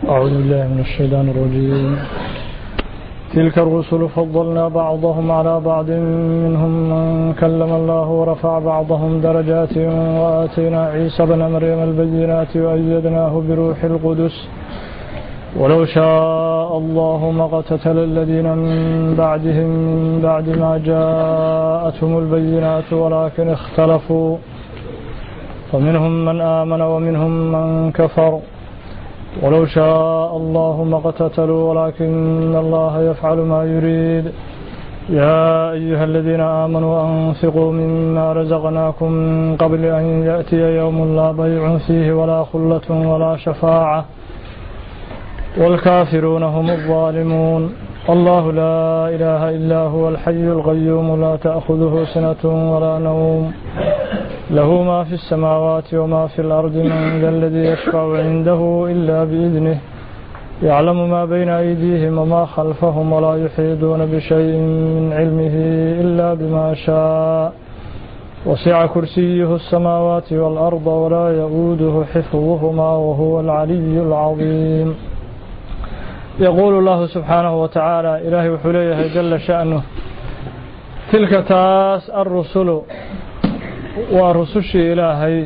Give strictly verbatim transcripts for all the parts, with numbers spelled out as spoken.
أعوذ بالله من الشيطان الرجيم. تلك الرسل فضلنا بعضهم على بعض منهم من كلم الله ورفع بعضهم درجات وآتينا عيسى بن مريم البينات وأيدناه بروح القدس ولو شاء الله ما اقتتل الذين من بعدهم من بعد ما جاءتهم البينات ولكن اختلفوا فمنهم من آمن ومنهم من كفر ولو شاء الله ما اقتتلوا ولكن الله يفعل ما يريد. يا أيها الذين آمنوا أنفقوا مما رزقناكم من قبل أن يأتي يوم لا بيع فيه ولا خلة ولا شفاعة والكافرون هم الظالمون. الله لا إله إلا هو الحي القيوم لا تأخذه سنة ولا نوم له ما في السماوات وما في الأرض من ذا الذي يشفع عنده إلا بإذنه يعلم ما بين أيديهم وما خلفهم ولا يحيطون بشيء من علمه إلا بما شاء وسع كرسيه السماوات والأرض ولا يؤوده حفظهما وهو العلي العظيم. يقول الله سبحانه وتعالى إلهي وحليه جل شأنه تلك تاس الرسل ورسوش إلهي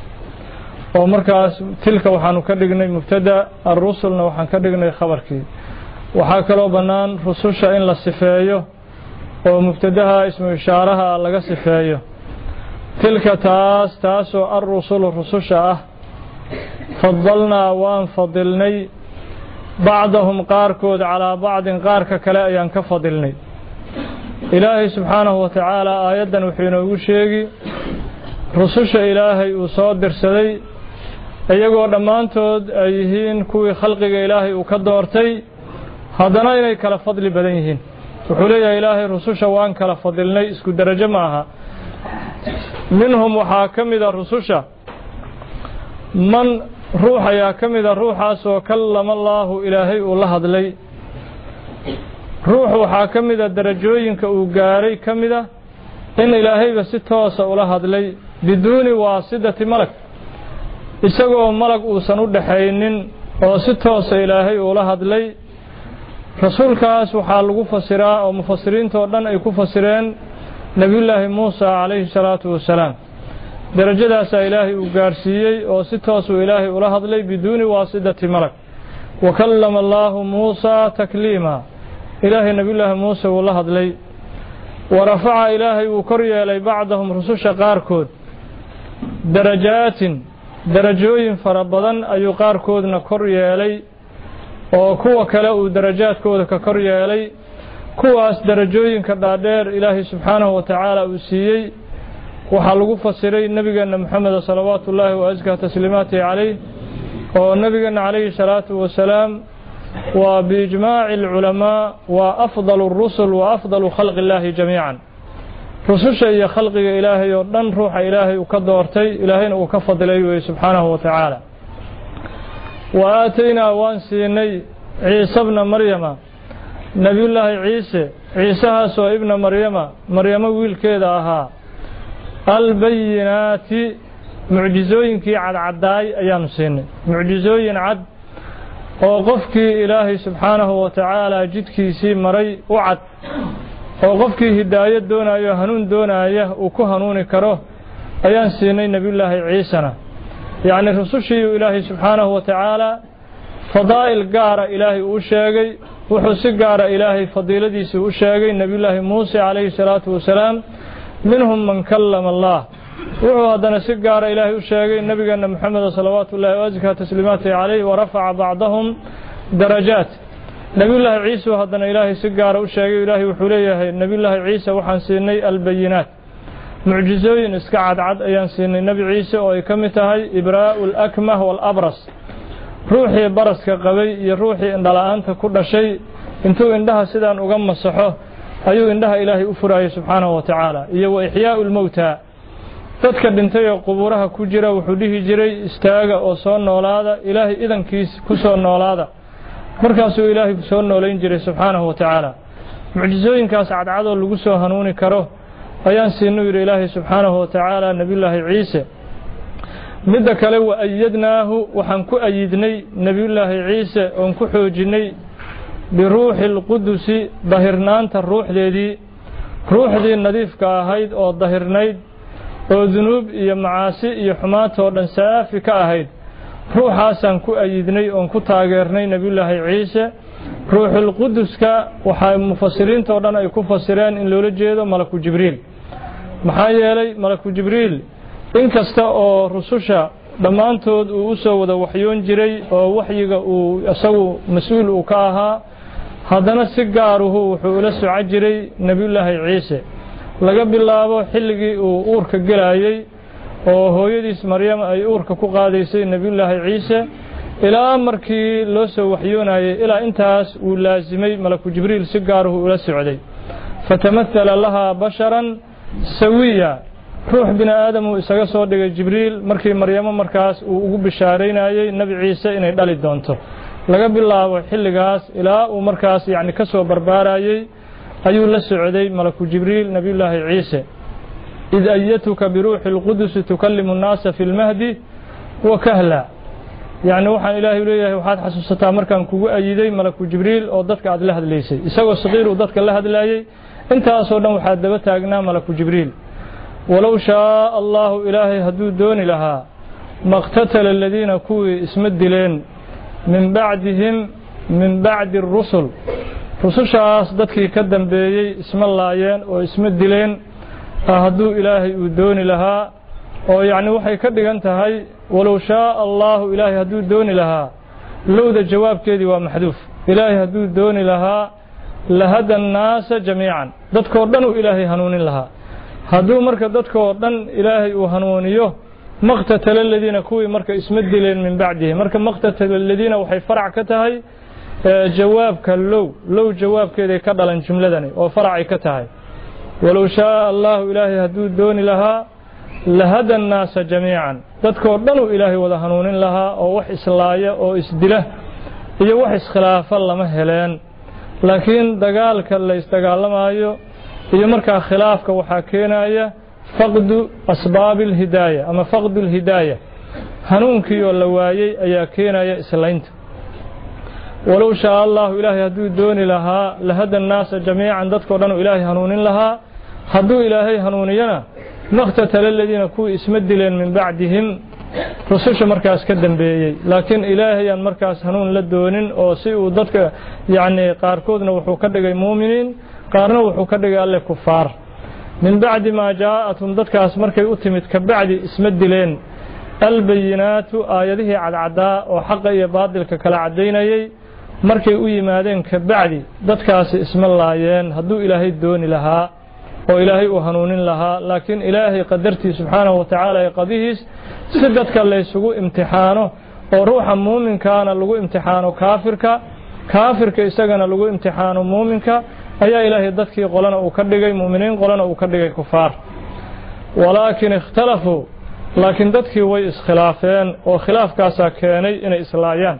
ومركز تلك وحانو كدغني مبتدا الرسل وحان كدغني خبركي وحا كلو بنان رسوش إن لا صفeeyo oo mubtadaha ismu ishaaraha laga sifeeyo tilka taas taasoo الرسل rususha ah fadalna waan fadilnay بعضهم قاركود على بعض قارك كلا أيان كفضلني. إلهي سبحانه وتعالى آيادا وحين وشيغي رسوش إلهي وصادر سدي أيقو دمانتود أيهين كوي خلق إلهي وكدورتي هذانا إلهي كلا فضل بدنيهين وحولي إلهي رسوش وان كلا فضلني اسكو درجة معها منهم وحاكم إذا رسوش من روح يا كمida ruuxaasoo kallama allaahu ilaahay uu la hadlay ruux waxaa ka mida darajooyinka uu gaaray ka mida in ilaahayba si toosa ula hadlay biduuni waasidati malag isagoo malag uusan u dhaxaynin oo si toosa ilaahay ula hadlay. rasuulkaas waxaa lagu fasiraa oo mufasiriinta oo dhan ay ku fasireen nabiyullaahi muusa calayhi salaatu wasalaam درجadaas ilaahay uu gaarsiiyay oo si toos uu ilaahay ula hadlay biduuni waasidati malag wa kallama allaahu muusa takliima ilaahay nabiyullaahi muusa uu la hadlay wa rafaca ilaahay uu kor yeelay bacdahum rususha qaarkood darajaatin darajooyin fara badan ayuu qaarkoodna kor yeelay oo kuwa kale uu darajaadkooda ka kor yeelay kuwaas darajooyinka dhaadheer ilaahay subxaanahu wa tacaala uu siiyey waxaa lagu fasiray nabigeena maxamed salawaatu ullaahi wa azkaa tasliimaatihi calayh oo nabigeena calayhi salaatu wasalaam waa biijmaaci alculamaa waa afdalu rusul wa afdalu khalqi illaahi jamiican rususha iyo khalqiga ilaahay oo dhan ruuxa ilaahay uu ka doortay ilaahayna uu ka fadilay wey subxaanahu wa tacaala. wa aataynaa waan siinay ciise bna maryama nabiyullaahi ciise ciisahaasoo ibna maryama maryamo wiilkeeda ahaa albayinaati mucjizooyinkii cadcadaay ayaanu siinay mucjizooyin cad oo qofkii ilaahay subxaanahu wa tacaala jidkiisii maray u cad oo qofkii hidaayad doonayo hanuun doonaya uu ku hanuuni karo ayaan siinay nabiyullaahi ciisana yacni rusushii ilaahay subxaanahu wa tacaala fadaa'il gaara ilaahay uu sheegay wuxuu si gaara ilaahay fadiiladiisii u sheegay nabiyullaahi muuse calayhi salaatu wasalaam منهم من كلم الله وهو هذا سجار إلهي وشاقي النبي أن محمد صلوات الله وأزكى تسليماته عليه ورفع بعضهم درجات. نبي الله عيسى هذا إلهي سجار وشاقي إلهي وحليه نبي الله عيسى وحنسيني البينات معجزين اسكعد عد أيان سيني النبي عيسى ويكمتهي إبراء الأكمه والأبرص روحي برس كقوي يروحي إن دلانت كل شيء انتو عندها سيدان أقام الصحوه ayuu indhaha ilaahay u furaayay subxaanahu wa tacaala iyo wa ixyaa'u lmowtaa dadka dhintay oo qubuuraha ku jira wuxuu dhihi jiray istaaga oo soo noolaada ilaahay idankiis ku soo noolaada markaasuu ilaahay ku soo noolayn jiray subxaanahu wa tacaala. mucjizooyinkaas cadcadoo lagu soo hanuuni karo ayaan siinuu yidhi ilaahay subxaanahu wa tacaala nabiyullaahi ciise midda kale wa ayadnaahu waxaan ku ayidnay nabiyullaahi ciise oon ku xoojinay biruuxi alqudusi dahirnaanta ruuxdeedii ruuxdii nadiifka ahayd oo dahirnayd oo dunuub iyo macaasi iyo xumaatoo dhan saafi ka ahayd ruuxaasaan ku ayidnay oon ku taageernay nabiyullaahi ciise ruuxul quduska waxaa mufasiriinta oo dhan ay ku fasireen in loola jeedo malaku jibriil maxaa yeelay malaku jibriil inkasta oo rususha dhammaantood uu u soo wada waxyoon jiray oo waxyiga uu isagu mas-uul uu ka ahaa haddana si gaaruhu wuxuu ula soco jiray nabiyullaahi ciise laga bilaabo xilligii uu uurka gelayay oo hooyadiis maryam ay uurka ku qaadaysay nabiyullaahi ciise ilaa markii loo soo waxyoonayay ilaa intaas uu laasimay malaku jibriil si gaaruhu ula socday fatamathala lahaa basharan sawiya ruux bini aadam uu isaga soo dhigay jibriil markii maryamo markaas uu ugu bishaaraynayay nabi ciise inay dhali doonto laga bilaabo xilligaas ilaa uu markaas yacni ka soo barbaarayay ayuu la socday malaku jibriil nabiyullaahi ciise id ayatuka biruuxi alqudusi tukallimu nnaasa fi lmahdi wa kahla yacni waxaan ilaahay leeyahay waxaad xasuusataa markaan kugu ayiday malaku jibriil oo dadka aad la hadlaysay isagoo saqiir uu dadka la hadlaayay intaasoo dhan waxaa daba taagnaa malaku jibriil walow shaaa allahu ilaahay hadduu dooni lahaa maqtatala aladiina kuwii isma dileen min bacdihim min bacdi arusul rusushaas dadkii ka dambeeyey isma laayeen oo isma dileen hadduu ilaahay uu dooni lahaa oo yacni waxay ka dhigan tahay walow shaaa allahu ilaahay hadduu dooni lahaa lowda jawaabkeedii waa maxduuf ilaahay hadduu dooni lahaa lahada annaasa jamiican dadkoo dhan uu ilaahay hanuunin lahaa hadduu marka dadkoo dhan ilaahay uu hanuuniyo maqtatala aladiina kuwii marka isma dileen min bacdihi marka maqtatala aladiina waxay farac ka tahay jawaabka low low jawaabkeeday ka dhalan jumladani oo faracay ka tahay walow shaaa allahu ilaahay hadduu dooni lahaa lahada annaasa jamiican dadkoo dhan uu ilaahay wada hanuunin lahaa oo wax islaaya oo isdila iyo wax iskhilaafa lama heleen laakiin dagaalka la isdagaalamaayo iyo markaa khilaafka waxaa keenaya faqdu asbaabi alhidaaya ama faqdu alhidaaya hanuunkii oo la waayey ayaa keenaya islaynta walow shaaa allahu ilaahay hadduu dooni lahaa lahada annaasa jamiican dadkoo dhan uu ilaahay hanuunin lahaa hadduu ilaahay hanuuniyana maqtatala aladiina kuwii isma dileen min bacdihim rususha markaas ka dambeeyey laakiin ilaahayaan markaas hanuun la doonin oo si uu dadka yacni qaarkoodna wuxuu ka dhigay muuminiin qaarna wuxuu ka dhigay alle kufaar min bacdi maa jaa'athum dadkaas markay u timid ka bacdi isma dileen albayinaatu aayadihii cadcaddaa oo xaqa iyo baadilka kala caddaynayay markay u yimaadeen ka bacdi dadkaasi isma laayeen hadduu ilaahay dooni lahaa oo ilaahay uu hanuunin lahaa laakiin ilaahay qadartii subxaanahu wa tacaala ee qadihiis si dadka laysugu imtixaano oo ruuxa muuminkaana lagu imtixaano kaafirka kaafirka isagana lagu imtixaano muuminka ayaa ilaahay dadkii qolana uu ka dhigay mu'miniin qolana uu ka dhigay kufaar walaakin ikhtalafuu laakiin dadkii way iskhilaafeen oo khilaafkaasaa keenay inay islaayaan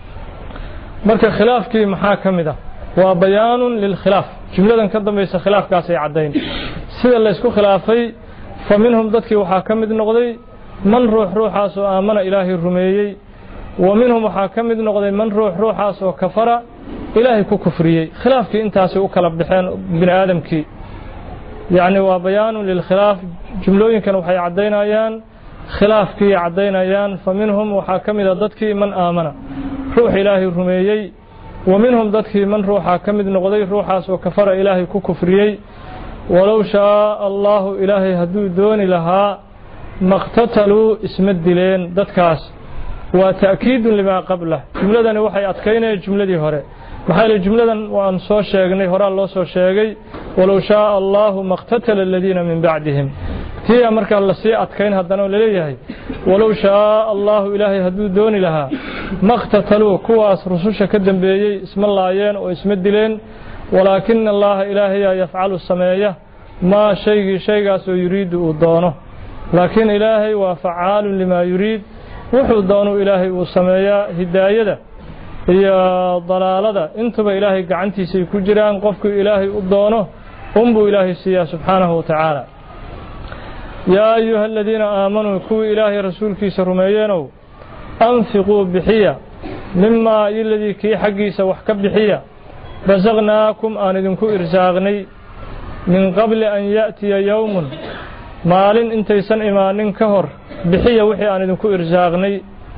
marka khilaafkii maxaa ka mid ah waa bayaanun lilkhilaaf jumladan ka dambaysa khilaafkaasay caddayn sida laysku khilaafay fa minhum dadkii waxaa ka mid noqday man ruux ruuxaas oo aamana ilaahay rumeeyey wa minhum waxaa ka mid noqday man ruux ruuxaas oo kafara ilaahay ku kufriyey khilaafkii intaasay u kala baxeen bini aadamkii yacni waa bayaanun lilkhilaaf jumlooyinkan waxay caddaynayaan khilaafkii caddaynayaan fa minhum waxaa ka mid a dadkii man aamana ruux ilaahay rumeeyey wa minhum dadkii man ruuxaa ka mid noqday ruuxaas oo kafara ilaahay ku kufriyey walow shaaa allahu ilaahay hadduu dooni lahaa maqtataluu isma dileen dadkaas waa ta'kiidun limaa qablah jumladani waxay adkaynayaan jumladii hore maxaa yeelay jumladan waan soo sheegnay horaa loo soo sheegay walow shaaa allahu maqtatala aladiina min bacdihim tiya markaa lasii adkayn haddana laleeyahay walow shaaa allahu ilaahay hadduu dooni lahaa maqtataluu kuwaas rususha ka dambeeyey isma laayeen oo isma dileen walaakina allaha ilaahayaa yafcalu sameeya maa shaygii shaygaasoo yuriidu uu doono laakiin ilaahay waa facaalun limaa yuriid wuxuu doonuu ilaahay uu sameeyaa hidaayada iyo dalaalada intuba ilaahay gacantiisay ku jiraan qofkuu ilaahay u doono unbuu ilaahay siiyaa subxaanahu wa tacaala يا أيها الذين آمنوا كو إلهي رسولك سرميينو أنفقوا بحية مما الذي كي حقي سوحك بحية رزقناكم آندنكو إرزاغني من قبل أن يأتي يوم مال انتيسان إيمان كهر بحية وحي آندنكو إرزاغني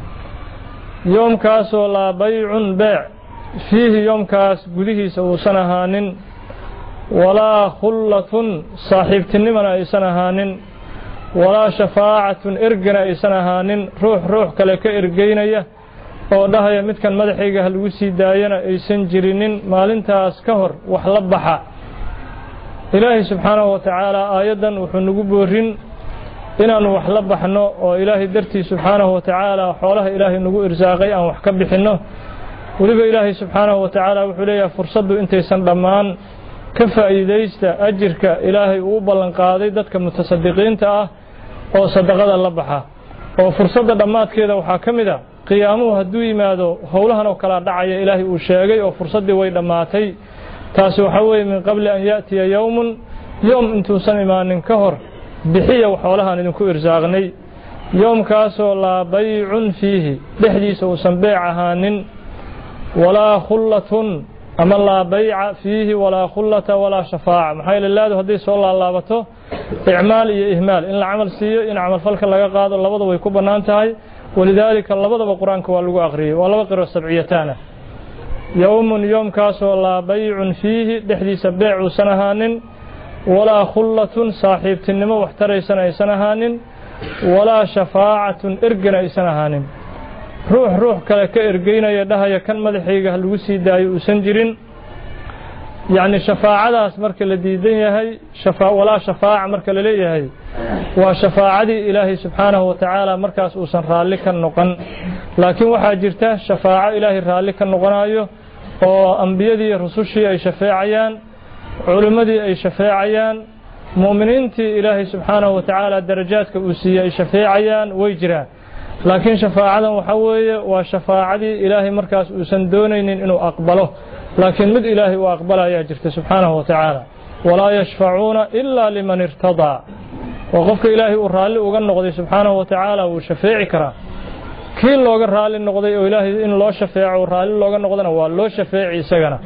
يوم كاسو لا بيع بيع فيه يوم كاس قده سوسنهان ولا خلة صاحبتني من أيسنهان ولا شفاعة إرقنا إيسانهان روح روح كلك إرقينية oo dhahaya midkan madaxayga hal ugu sii daayana aysan jirinin maalintaas ka hor wax la baxa ilaahay subxaanahu wa tacaala aayadan wuxuu nagu boorin inaanu wax la baxno oo ilaahay dartii subxaanahu wa tacaala xoolaha ilaahay nagu irsaaqay aan wax ka bixino waliba ilaahay subxaanahu wa tacaala wuxuu leeyahay fursadu intaysan dhammaan ka faa'iideysta ajirka ilaahay uu ballan qaaday dadka mutasaddiqiinta ah oo sadaqada la baxa oo fursada dhamaadkeeda waxa kamid ah qiyaamuhu haduu yimaado howlahan oo kala dhacaya ilaahay uu sheegay oo fursadii way dhamaatay taasi waxa weeye min qabli an yaatiya yawmun yawm intuusan imaanin ka hor bixiya xoolahan idinku irsaaqnay yawmkaasoo laa bay'un fiihi dhexdiisa uusan beec ahaanin walaa khullatun ama laa bay'a fiihi walaa khullata walaa shafaa'a maxay leeyahay hadii soo laalaabato icmaal iyo ihmaal in la amal siiyo in amal falka laga qaado labada way ku banaan tahay ولذلك لبضب القرآن كوالو أغريه ولا بقر السبعيتان يوم يوم كاسو لا بيع فيه دحدي سبيع سنهان ولا خلة صاحب تنمو واحتري سنة سنهان ولا شفاعة إرقنا سنهان روح روح كلك إرقينا يدها يكن مدحيقه الوسي داي وسنجرين يعني شفاعة مرك الذي هي شفاعة ولا شفاعة مرك الذي هي وشفاعة إلهي سبحانه وتعالى مركز أوسن رالك النقن لكن وحاجرته شفاعة إلهي رالك النقنايو وأنبياء رسوشي أي شفاعيان علماء أي شفاعيان مؤمنين إلهي سبحانه وتعالى درجات كأوسية أي شفاعيان ويجرى لكن شفاعة وحوية وشفاعة إلهي مركز أوسن دونين إنه أقبله لكن مد إلهي وأقبله يجرته سبحانه وتعالى ولا يشفعون إلا لمن ارتضى وقفك إلهي ورالي وقال سبحانه وتعالى وشفاعي كرا كين لو قال رالي النقضي وإلهي إن الله شفاع ورالي لو قال نقضنا والله شفاعي سجنا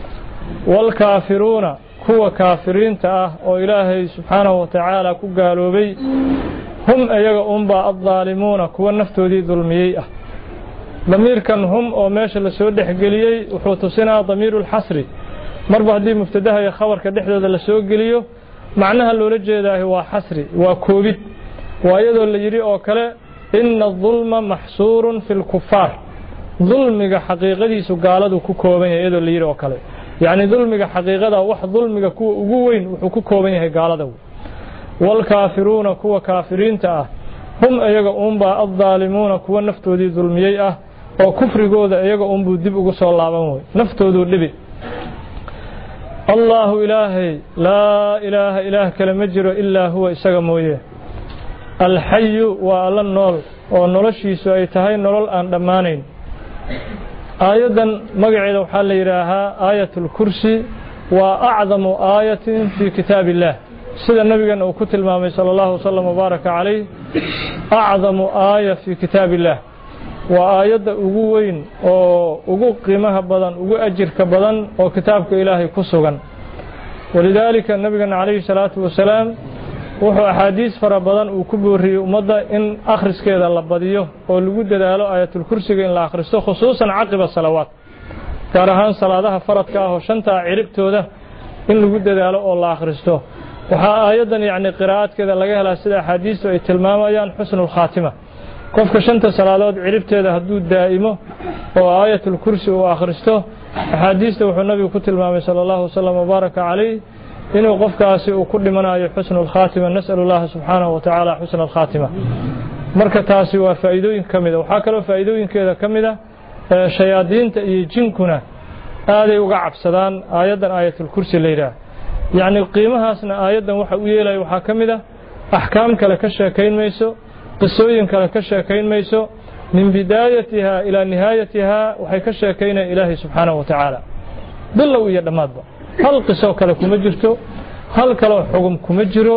والكافرون هو كافرين تاه وإلهي سبحانه وتعالى كقالوا بي هم أيها أنبا الظالمون كوا النفتو دي ظلمية ضمير كان هم أو ماشي لسود حقليي وحوتسنا ضمير الحصري مربع دي مفتدها يا خبر كدحدة لسود قليو معناها اللي رجع هو حصري وكوبيت وأيضا اللي يري أوكله إن الظلم محصور في الكفار ظلمك حقيقة سجالة وكوكوبين أيضا اللي يري أوكله يعني ظلمك حقيقة واحد ظلمك كوين وكوكوبين هجالة والكافرون كوا كافرين تأه هم أيجا أمبا الظالمون كوا نفتو دي ظلمية وكفر جودا أيجا أمبو دبوا صلى الله عليه وسلم نفتو دو لبي الله إلهي لا إله إله كلمة جرو إلا هو إسقامويه الحي وعلى النور ونرشي سويتهاي نور أن دمانين أيضا مقعد وحال يراها آية الكرسي وأعظم آية في كتاب الله سيد النبي أنه كتل مامي صلى الله وسلم وبارك عليه أعظم آية في كتاب الله وآيات أقوين وأقو قيمها بدن أقو أجر كبدن وكتابك إلهي كسوغا ولذلك النبي عليه الصلاة والسلام وحو أحاديث فربدن وكبوري ومدى إن أخرس كذا اللباديه ولقود دالو آية الكرسي إن لا أخرسته خصوصا عقب الصلوات كارهان صلاة فرد كاهو شنطة عربتو ده إن لقود دالو الله أخرسته وحا آيادا يعني قراءات كذا لقاها لأسئلة حديث وإتلماما حسن الخاتمة قفك شنطة صلاة عربتها هدود دائمه وآية الكرسي وآخرسته حديث وحو النبي كتل مامي صلى الله وسلم وبارك عليه إنه قفك آسئ وكل من آية حسن الخاتمة نسأل الله سبحانه وتعالى حسن الخاتمة مركة تاسي وفائدوين كمدة وحاكلوا فائدوين كذا كمدة شيادين جنكنا هذا وقع بسدان آيادا آية الكرسي الليلة يعني قيمها سنة آيادا وحاوية وحاكمدة أحكام كالكشة كين ميسو قصوين كالكشة كين ميسو من بدايتها إلى نهايتها وحيكشة كين إلهي سبحانه وتعالى بالله يدماد هل قصو كالكم مجرتو هل كالو حكم كمجرو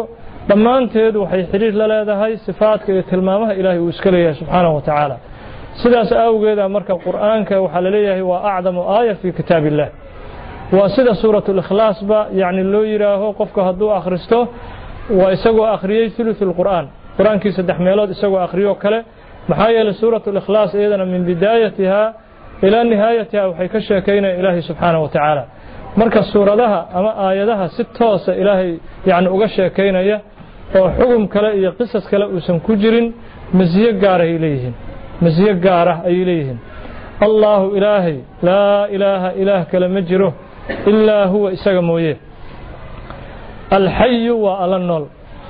dhammaanteed waxay xiriir la leedahay sifaadka iyo tilmaamaha ilaahay uu iska leeyahay subxaanahu wa tacaala sidaas awgeeda marka qur'aanka waxaa la leeyahay waa acdamu aaya fi kitaabillah waa sida suuratul ikhlaas ba yani loo yiraaho qofka hadduu akhristo waa isagoo akhriyay thuluthul qur'aan qur'aankii saddex meelood isagoo akhriyo kale maxaa yeelay suuratul ikhlaas iyadana min bidaayatiha ilaa nihaayatiha waxay ka sheekaynaya ilaahay subxaanahu wa tacaala marka suuradaha ama aayadaha si toosa ilaahay yani uga sheekaynaya oo xugum kale iyo qisas kale uusan ku jirin masiyo gaar ay leeyihiin masiyo gaar ah ay leeyihiin allahu ilaahay laa ilaaha ilaah kale ma jiro ilaa huwa isaga mooye alxayu waa alla nool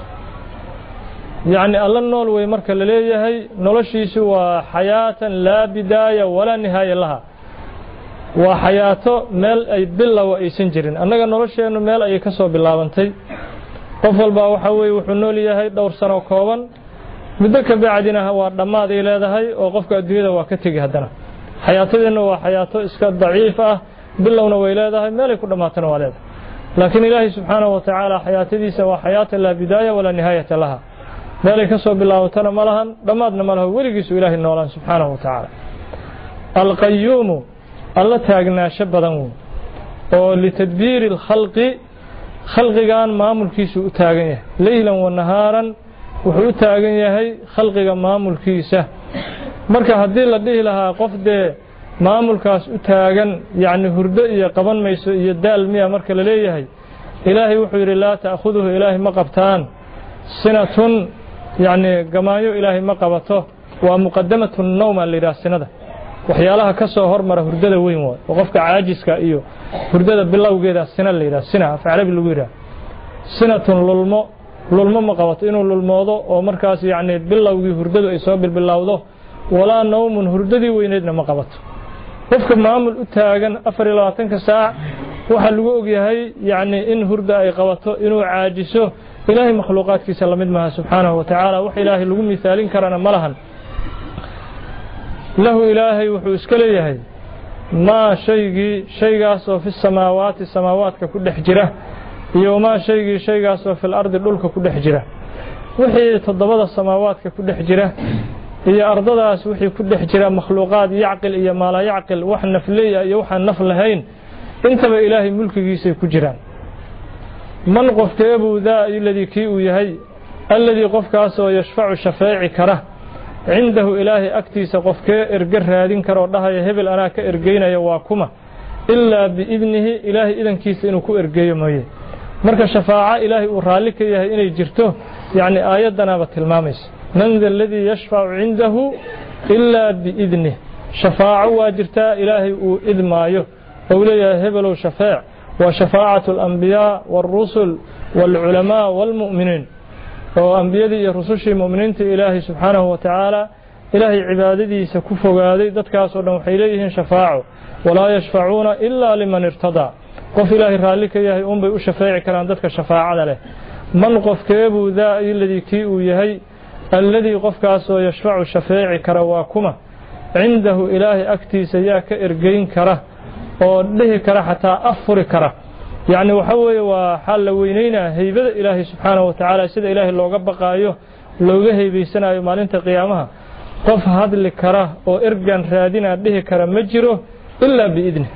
yani alla nool way marka la leeyahay noloshiisu waa xayaatan laa bidaaya walaa nihaaya laha waa xayaato meel ay bilow aysan jirin annaga nolosheennu meel ayay ka soo bilaabantay qof walba waxa weeye wuxuu nool yahay dhowr sano kooban muddo ka bacdina waa dhammaad ay leedahay oo qofka adduunyada waa ka tegi haddana xayaatadeenna waa xayaato iska daciif ah bilowna way leedahay meelay ku dhammaatana waa leedahay laakiin ilaahay subxaanahu wa tacaala xayaatadiisa waa xayaata laa bidaaya walaa nihaayata laha meelay ka soo bilaabatana ma lahan dhammaadna ma laha weligiisu ilaahay noolaan subxaanahu wa tacaala alqayuumu alla taagnaasho badan wey oo litadbiiri alkhalqi khalqigan maamulkiisu u taagan yahay leylan wa nahaaran wuxuu u taagan yahay khalqiga maamulkiisa marka haddii la dhihi lahaa qof dee maamulkaas u taagan yacni hurdo iyo qaban mayso iyo daal miya marka la leeyahay ilaahay wuxuu yidhi laa ta'khuduhu ilaahay ma qabtaan sinatun yacni gamaayo ilaahay ma qabato waa muqadamatu nawma la yidhaha sinada waxyaalaha ka soo hormara hurdada weyn waay oo qofka caajiska iyo hurdada bilowgeeda sina la yidhaha sina af carabi lagu yidhaha sinatun lulmo lulmo ma qabato inuu lulmoodo oo markaas yacni bilowgii hurdadu ay soo bilbilowdo walaa nawmun hurdadii weyneedna ma qabato qofka maamul u taagan afar iyo labaatanka saac waxaa lagu ogyahay yacni in hurda ay qabato inuu caajiso ilaahay makhluuqaadkiisa la mid maaha subxaanahu wa tacaala wax ilaahay lagu misaalin karana ma lahan lahu ilaahay wuxuu iska leeyahay maa shaygii shaygaasoo fi samaawaati samaawaadka ku dhex jira iyo maa shaygii shaygaasoo fil ardi dhulka ku dhex jira wixii toddobada samaawaadka ku dhex jira iyo ardadaas wixii ku dhex jira makhluuqaad yacqil iyo maalaa yacqil wax nafley ah iyo waxaan naf lahayn intaba ilaahay mulkigiisay ku jiraan man qofkeebuu daa iladii kii uu yahay alladii qofkaasoo yashfacu shafeeci kara cindahu ilaahay agtiisa qofkee erge raadin karoo dhahaya hebel anaa ka ergeynaya waa kuma ilaa biidnihi ilaahay idankiisa inuu ku ergeeyo mooye marka shafaaco ilaahay uu raalli ka yahay inay jirto yacni aayaddanaaba tilmaamaysa man da aladii yashfacu cindahu ilaa biidnih shafaaco waa jirtaa ilaahay uu idmaayo ou leeyahay hebelow shafeec waa shafaacatu alambiyaa waalrusul waalculamaa waalmu'miniin oo ambiyadii iyo rusushii mu'miniinta ilaahay subxaanahu wa tacaala ilaahay cibaadadiisa ku fogaaday dadkaasoo dhan waxay leeyihiin shafaaco walaa yashfacuuna ilaa liman irtadaa qof ilaahay raalli ka yahay unbay u shafeeci karaan dadka shafaacada leh man qofkeebuu daa iladii kii uu yahay alladii qofkaasoo yashfacu shafeeci kara waa kuma cindahu ilaahay agtiisa yaa ka ergeyn kara oo dhihi kara xataa afuri kara yacni waxa weeye waa xal la weynaynaa haybada ilaahay subxaanahu wa tacaala sida ilaahay looga baqaayo looga haybaysanayo maalinta qiyaamaha qof hadli kara oo ergan raadinaa dhihi kara ma jiro ilaa biidni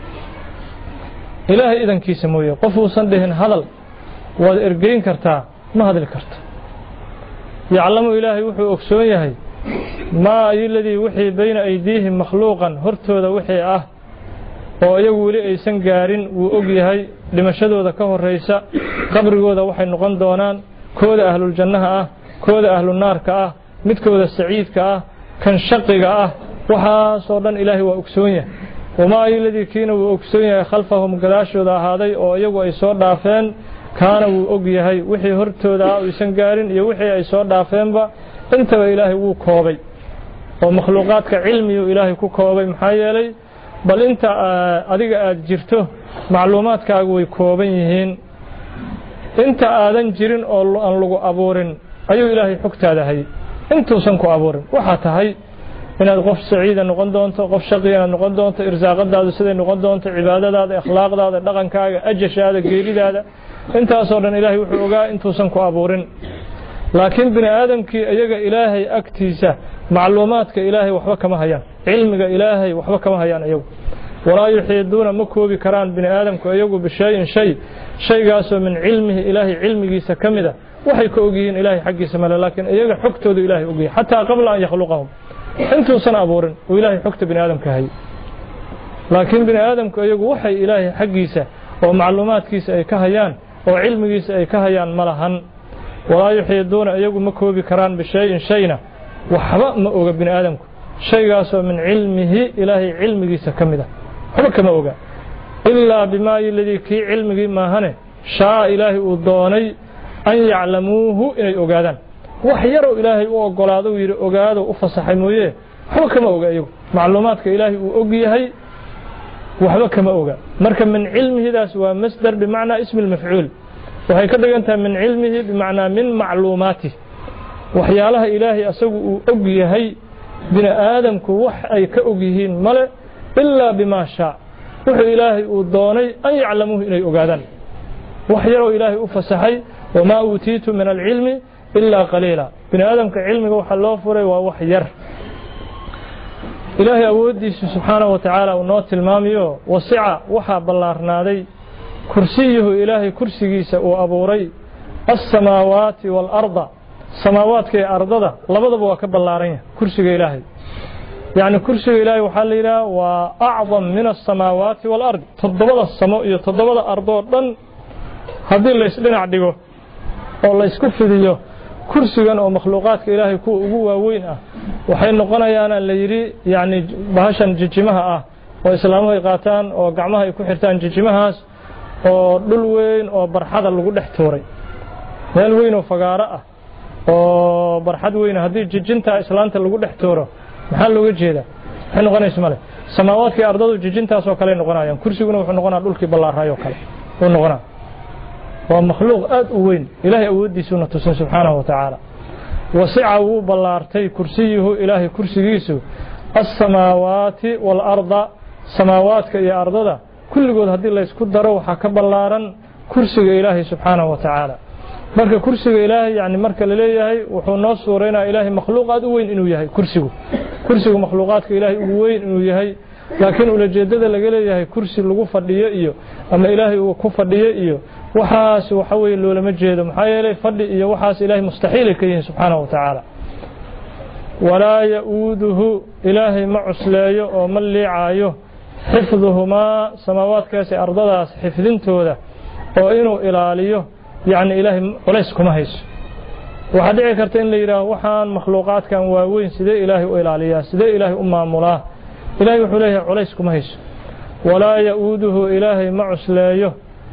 ilaahay idankiisa mooye qof uusan dhihin hadal waad ergeyn kartaa ma hadli karto yaclamu ilaahay wuxuu ogsoon yahay maa iladii wixii bayna aydiihim makhluuqan hortooda wixii ah oo iyagu weli aysan gaarin wuu og yahay dhimashadooda ka horraysa qabrigooda waxay noqon doonaan kooda ahluljannaha ah kooda ahlunaarka ah midkooda saciidka ah kan shaqiga ah waxaasoo dhan ilaahay waa ogsoon yahay wamaa iladii kiina wuu ogsoon yahay khalfahum gadaashooda ahaaday oo iyagu ay soo dhaafeen kaana wuu og yahay wixii hortooda ah aysan gaarin iyo wixii ay soo dhaafeenba intaba ilaahay wuu koobay oo makhluuqaadka cilmiyuu ilaahay ku koobay maxaa yeelay bal inta adiga aad jirto macluumaadkaagu way kooban yihiin inta aadan jirin oo aan lagu abuurin ayuu ilaahay xogtaada hayay intuusan ku abuurin waxaa tahay inaad qof saciida noqon doonto qof shaqiya inaad noqon doonto irsaaqadaadu siday noqon doonto cibaadadaada akhlaaqdaada dhaqankaaga ajashaada geeridaada intaasoo dhan ilaahay wuxuu ogaa intuusan ku abuurin laakiin bini aadamkii iyaga ilaahay agtiisa macluumaadka ilaahay waxba kama hayaan cilmiga ilaahay waxba kama hayaan iyagu walaa yuxiiduuna ma koobi karaan bini aadamku iyagu bishayin shay shaygaasoo min cilmihi ilaahay cilmigiisa ka mida waxay ka ogyihiin ilaahay xaggiisa male laakiin iyaga xogtoodu ilaahay ogyahay xataa qabla an yakhluqahum intuusan abuurin oo ilaahay xogta bini aadamka hayay laakiin bini aadamku iyagu waxay ilaahay xaggiisa oo macluumaadkiisa ay ka hayaan oo cilmigiisa ay ka hayaan malahan walaa yuxiiduuna iyagu ma koobi karaan bishayin shayna waxba ma oga bini aadamku shaygaasoo min cilmihi ilaahay cilmigiisa ka mida waxba kama oga ilaa bimaa ladii kii cilmigii maahane shaa ilaahay uu doonay an yaclamuuhu inay ogaadaan wax yarow ilaahay u ogolaado uu yidhi ogaado u fasaxay mooye waxba kama oga iyagu macluumaadka ilaahay uu og yahay waxba kama oga marka min cilmihidaas waa masdar bimacnaa ismi lmafcuul waxay ka dhigan tahay min cilmihi bimacnaa min macluumaatih waxyaalaha ilaahay asagu uu og yahay bini aadamku wax ay ka og yihiin male ilaa bimaa shaa wuxuu ilaahay uu doonay an yaclamuuhu inay ogaadaan wax yaroo ilaahay u fasaxay wamaa uutiitu min alcilmi ilaa qaliila bini aadamka cilmiga waxa loo furay waa wax yar ilaahay awoodiisa subxaanahu wa tacaala uu noo tilmaamayo wasica waxaa ballaarnaaday kursiyuhu ilaahay kursigiisa uu abuuray alsamaawaati waalarda samaawaadka iyo ardada labadaba waa ka ballaaran yahay kursiga ilaahay yacni kursiga ilaahay waxaa la yidhaha waa acdam min alsamaawaati waalardi toddobada samo iyo toddobada ardoo dhan haddii laysdhinac dhigo oo laysku fidiyo kursigan oo makhluuqaadka ilaahay kuwa ugu waaweyn ah waxay noqonayaana la yidhi yacni bahashan jijimaha ah oo islaamuhu ay qaataan oo gacmaha ay ku xirtaan jijimahaas oo dhul weyn oo barxada lagu dhex tuuray meel weyn oo fagaaro ah oo barxad weyn haddii jijinta islaanta lagu dhex tuuro maxaa looga jeedaa waxay noqonaysa male samaawaadkii ardadu jijintaas oo kale noqonayaan kursiguna wuxuu noqonaa dhulkii ballaarayoo kale uu noqonaa waa makhluuq aad u weyn ilaahay awooddiisuna tusin subxaanahu wa tacaala wasica wuu ballaartay kursiyuhu ilaahay kursigiisu alsamaawaati waalarda samaawaadka iyo ardada kulligood haddii laysku daro waxaa ka ballaaran kursiga ilaahay subxaanahu wa tacaala marka kursiga ilaahay yani marka la leeyahay wuxuu noo suureynaa ilaahay makhluuq aad u weyn inuu yahay kursigu kursigu makhluuqaadka ilaahay ugu weyn inuu yahay laakiin ulajeedada laga leeyahay kursi lagu fadhiyo iyo ama ilaahay uu ku fadhiyo iyo waxaas waxa weeye loolama jeedo maxaa yeelay fadhi iyo waxaas ilaahay mustaxiilay ka yihiin subxaanahu wa tacaala walaa ya-uuduhu ilaahay ma cusleeyo oo ma liicaayo xifduhumaa samaawaadkaasi ardadaas xifdintooda oo inuu ilaaliyo yacni ilaahay culays kuma hayso waxaa dhici karta in la yidhaaho waxaan makhluuqaadkan waaweyn sidee ilaahay u ilaaliyaa sidee ilaahay u maamulaa ilaahay wuxuu leeyahay culays kuma hayso walaa ya-uuduhu ilaahay ma cusleeyo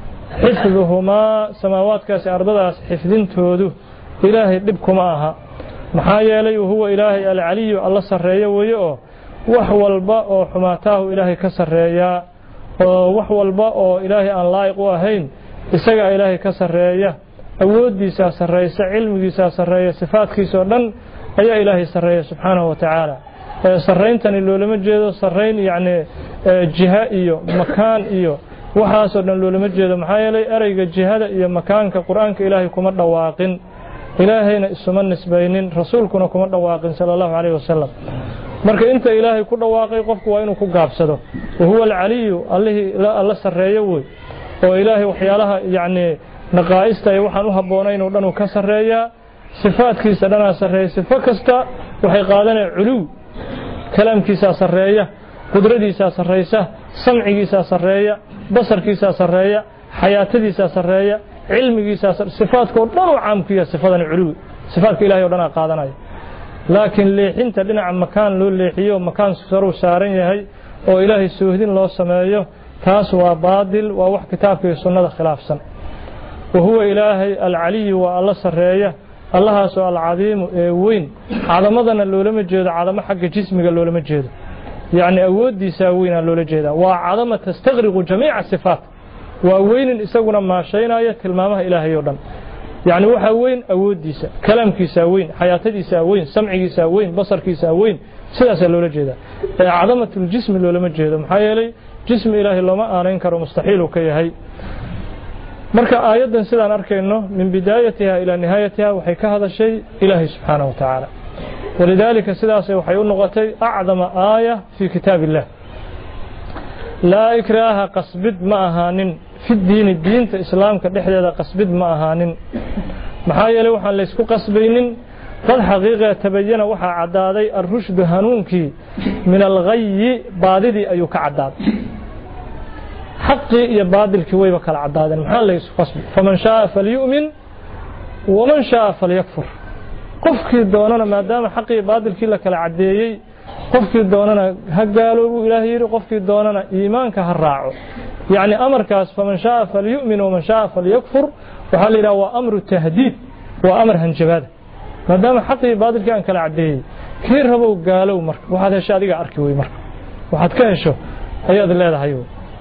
xifduhumaa samaawaadkaasi ardadaas xifdintoodu ilaahay dhib kuma aha maxaa yeelay huwa ilaahay alcaliyu alla sarreeyo weeye oo wax walba oo xumaataahu ilaahay ka sarreeyaa oo wax walba oo ilaahay aan laa'iq u ahayn isagaa ilaahay ka sarreeya awooddiisaa sarreysa cilmigiisaa sarreeya sifaadkiisa oo dhan ayaa ilaahay sarreeya subxaanahu wa tacaala sarrayntani loolama jeedo sarrayn yacni jiha iyo makaan iyo waxaasoo dhan loolama jeedo maxaa yeelay ereyga jihada iyo makaanka qur-aanka ilaahay kuma dhawaaqin ilaahayna isuma nisbaynin rasuulkuna kuma dhawaaqin sala allahu calayhi wasalam marka inta ilaahay ku dhawaaqay qofku waa inuu ku gaabsado wahuwa alcaliyu allihii alla sarreeyo wey oo ilaahay waxyaalaha yacni naqaa'ista iyo waxaan u habboonayn oo dhan uu ka sarreeyaa sifaadkiisa dhanaa sarreeya sifo kasta waxay qaadanaya culuw kalaamkiisaa sarreeya qudradiisaa sarreysa samcigiisaa sarreeya basarkiisaa sarreeya xayaatadiisaa sarreeya cilmigiisaa sifaadka oo dhan oo caamkiya sifadani culuwi sifaadka ilahay oo dhan aa qaadanaya laakiin leexinta dhinaca makaan loo leexiyo makaan saruu saaran yahay oo ilaahay soohdin loo sameeyo taas waa baadil waa wax kitaabka iyo sunnada khilaafsan wahuwa ilaahay alcaliyu waa alla sarreeya allahaasoo alcadiimu ee weyn cadamadana loolama jeedo cadamo xagga jismiga loolama jeedo yacni awooddiisaa weynaa loola jeedaa waa cadama tastaqriqu jamiica sifaat waa weynin isaguna maashaynaya tilmaamaha ilaahay oo dhan yacni waxaa weyn awooddiisa kalaamkiisaa weyn xayaatadiisaa weyn samcigiisaa weyn basarkiisaa weyn sidaasaa loola jeedaa ee cadamatuljismi loolama jeedo maxaa yeelay jismi ilaahay looma aanayn karo mustaxiil uu ka yahay marka aayadan sidaan arkayno min bidaayatiha ila nihaayatiha waxay ka hadashay ilaahay subxaanahu wa tacaala walidaalika sidaasay waxay u noqotay acdama aaya fii kitaabillah laa ikraaha qasbid ma ahaanin fi diini diinta islaamka dhexdeeda qasbid ma ahaanin maxaa yeelay waxaan la isku qasbaynin qad xaqiiqa tabayana waxaa caddaaday arrushdu hanuunkii min alghayyi baadidii ayuu ka caddaaday xaqii iyo baadilkii wayba kala caddaadeen maxaa la isku qasbay faman shaaa falyu'min waman shaaa falyakfur qofkii doonana maadaama xaqii iyo baadilkii la kala caddeeyey qofkii doonana ha gaaloobu ilaahay yidhi qofkii doonana iimaanka ha raaco yacni amarkaas faman shaaa falyu'min waman shaaa falyakfur waxaa la yidhaha waa amru tahdiid waa amar hanjabaada maadaama xaqii baadilkii aan kala caddeeyey kii rabow gaalow marka waxaad hesho adiga arki wey marka waxaad ka hesho ayaad leedahay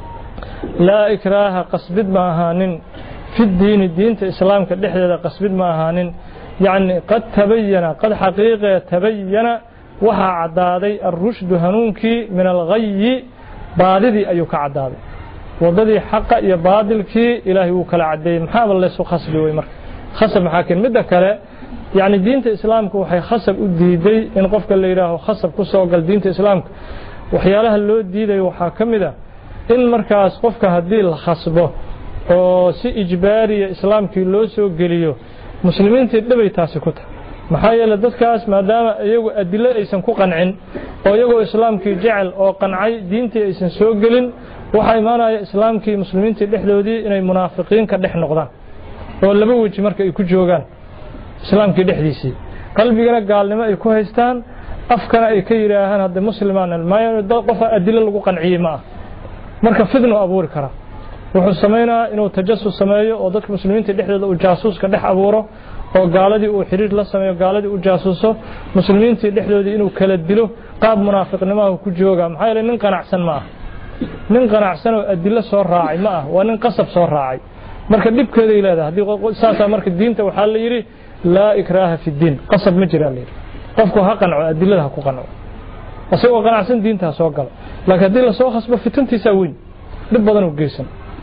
laa ikraaha qasbid ma ahaanin fi diini diinta islaamka dhexdeeda qasbid ma ahaanin yacni qad tabayana qad xaqiiqee tabayana waxaa caddaaday arrushdu hanuunkii min alghayyi baadidii ayuu ka caddaaday waddadii xaqa iyo baadilkii ilaahay wuu kala caddeeyey maxaaba laysu khasbi wey marka khasab maxaa keen midda kale yacni diinta islaamka waxay khasab u diiday in qofka la yidhaaho khasab ku soo gal diinta islaamka waxyaalaha loo diidayo waxaa ka mid a in markaas qofka haddii la khasbo oo si ijbaariya islaamkii loo soo geliyo muslimiintii dhibay taasi ku tahay maxaa yeelay dadkaas maadaama iyagu adilo aysan ku qancin oo iyagoo islaamkii jecel oo qancay diintii aysan soo gelin waxaa imaanaya islaamkii muslimiintii dhexdoodii inay munaafiqiin ka dhex noqdaan oo laba weji marka ay ku joogaan islaamkii dhexdiisii qalbigana gaalnimo ay ku haystaan afkana ay ka yidhaahaan hadda muslimaan maayo qofa adilo lagu qanciyey ma ah marka fidnu abuuri karaa wuxuu samaynayaa inuu tajasus sameeyo oo dadka muslimiinta dhexdooda uu jaasuuska dhex abuuro oo gaaladii uu xiriir la sameeyo gaaladii uu jaasuuso muslimiintii dhexdoodii inuu kala dilo qaab munaafiqnimaha ku jooga maxaa yeelay nin qanacsan ma ah nin qanacsan oo adilo soo raacay ma ah waa nin qasab soo raacay marka dhibkeeday leedahay haddii saasaa marka diinta waxaa la yidhi laa ikraaha fi diin qasab ma jiraa la yidhi qofku ha qanco adilada ha ku qanco asagoo qanacsan diinta ha soo galo laakiin haddii lasoo khasbo fitantiisaa weyn dhib badan u geysan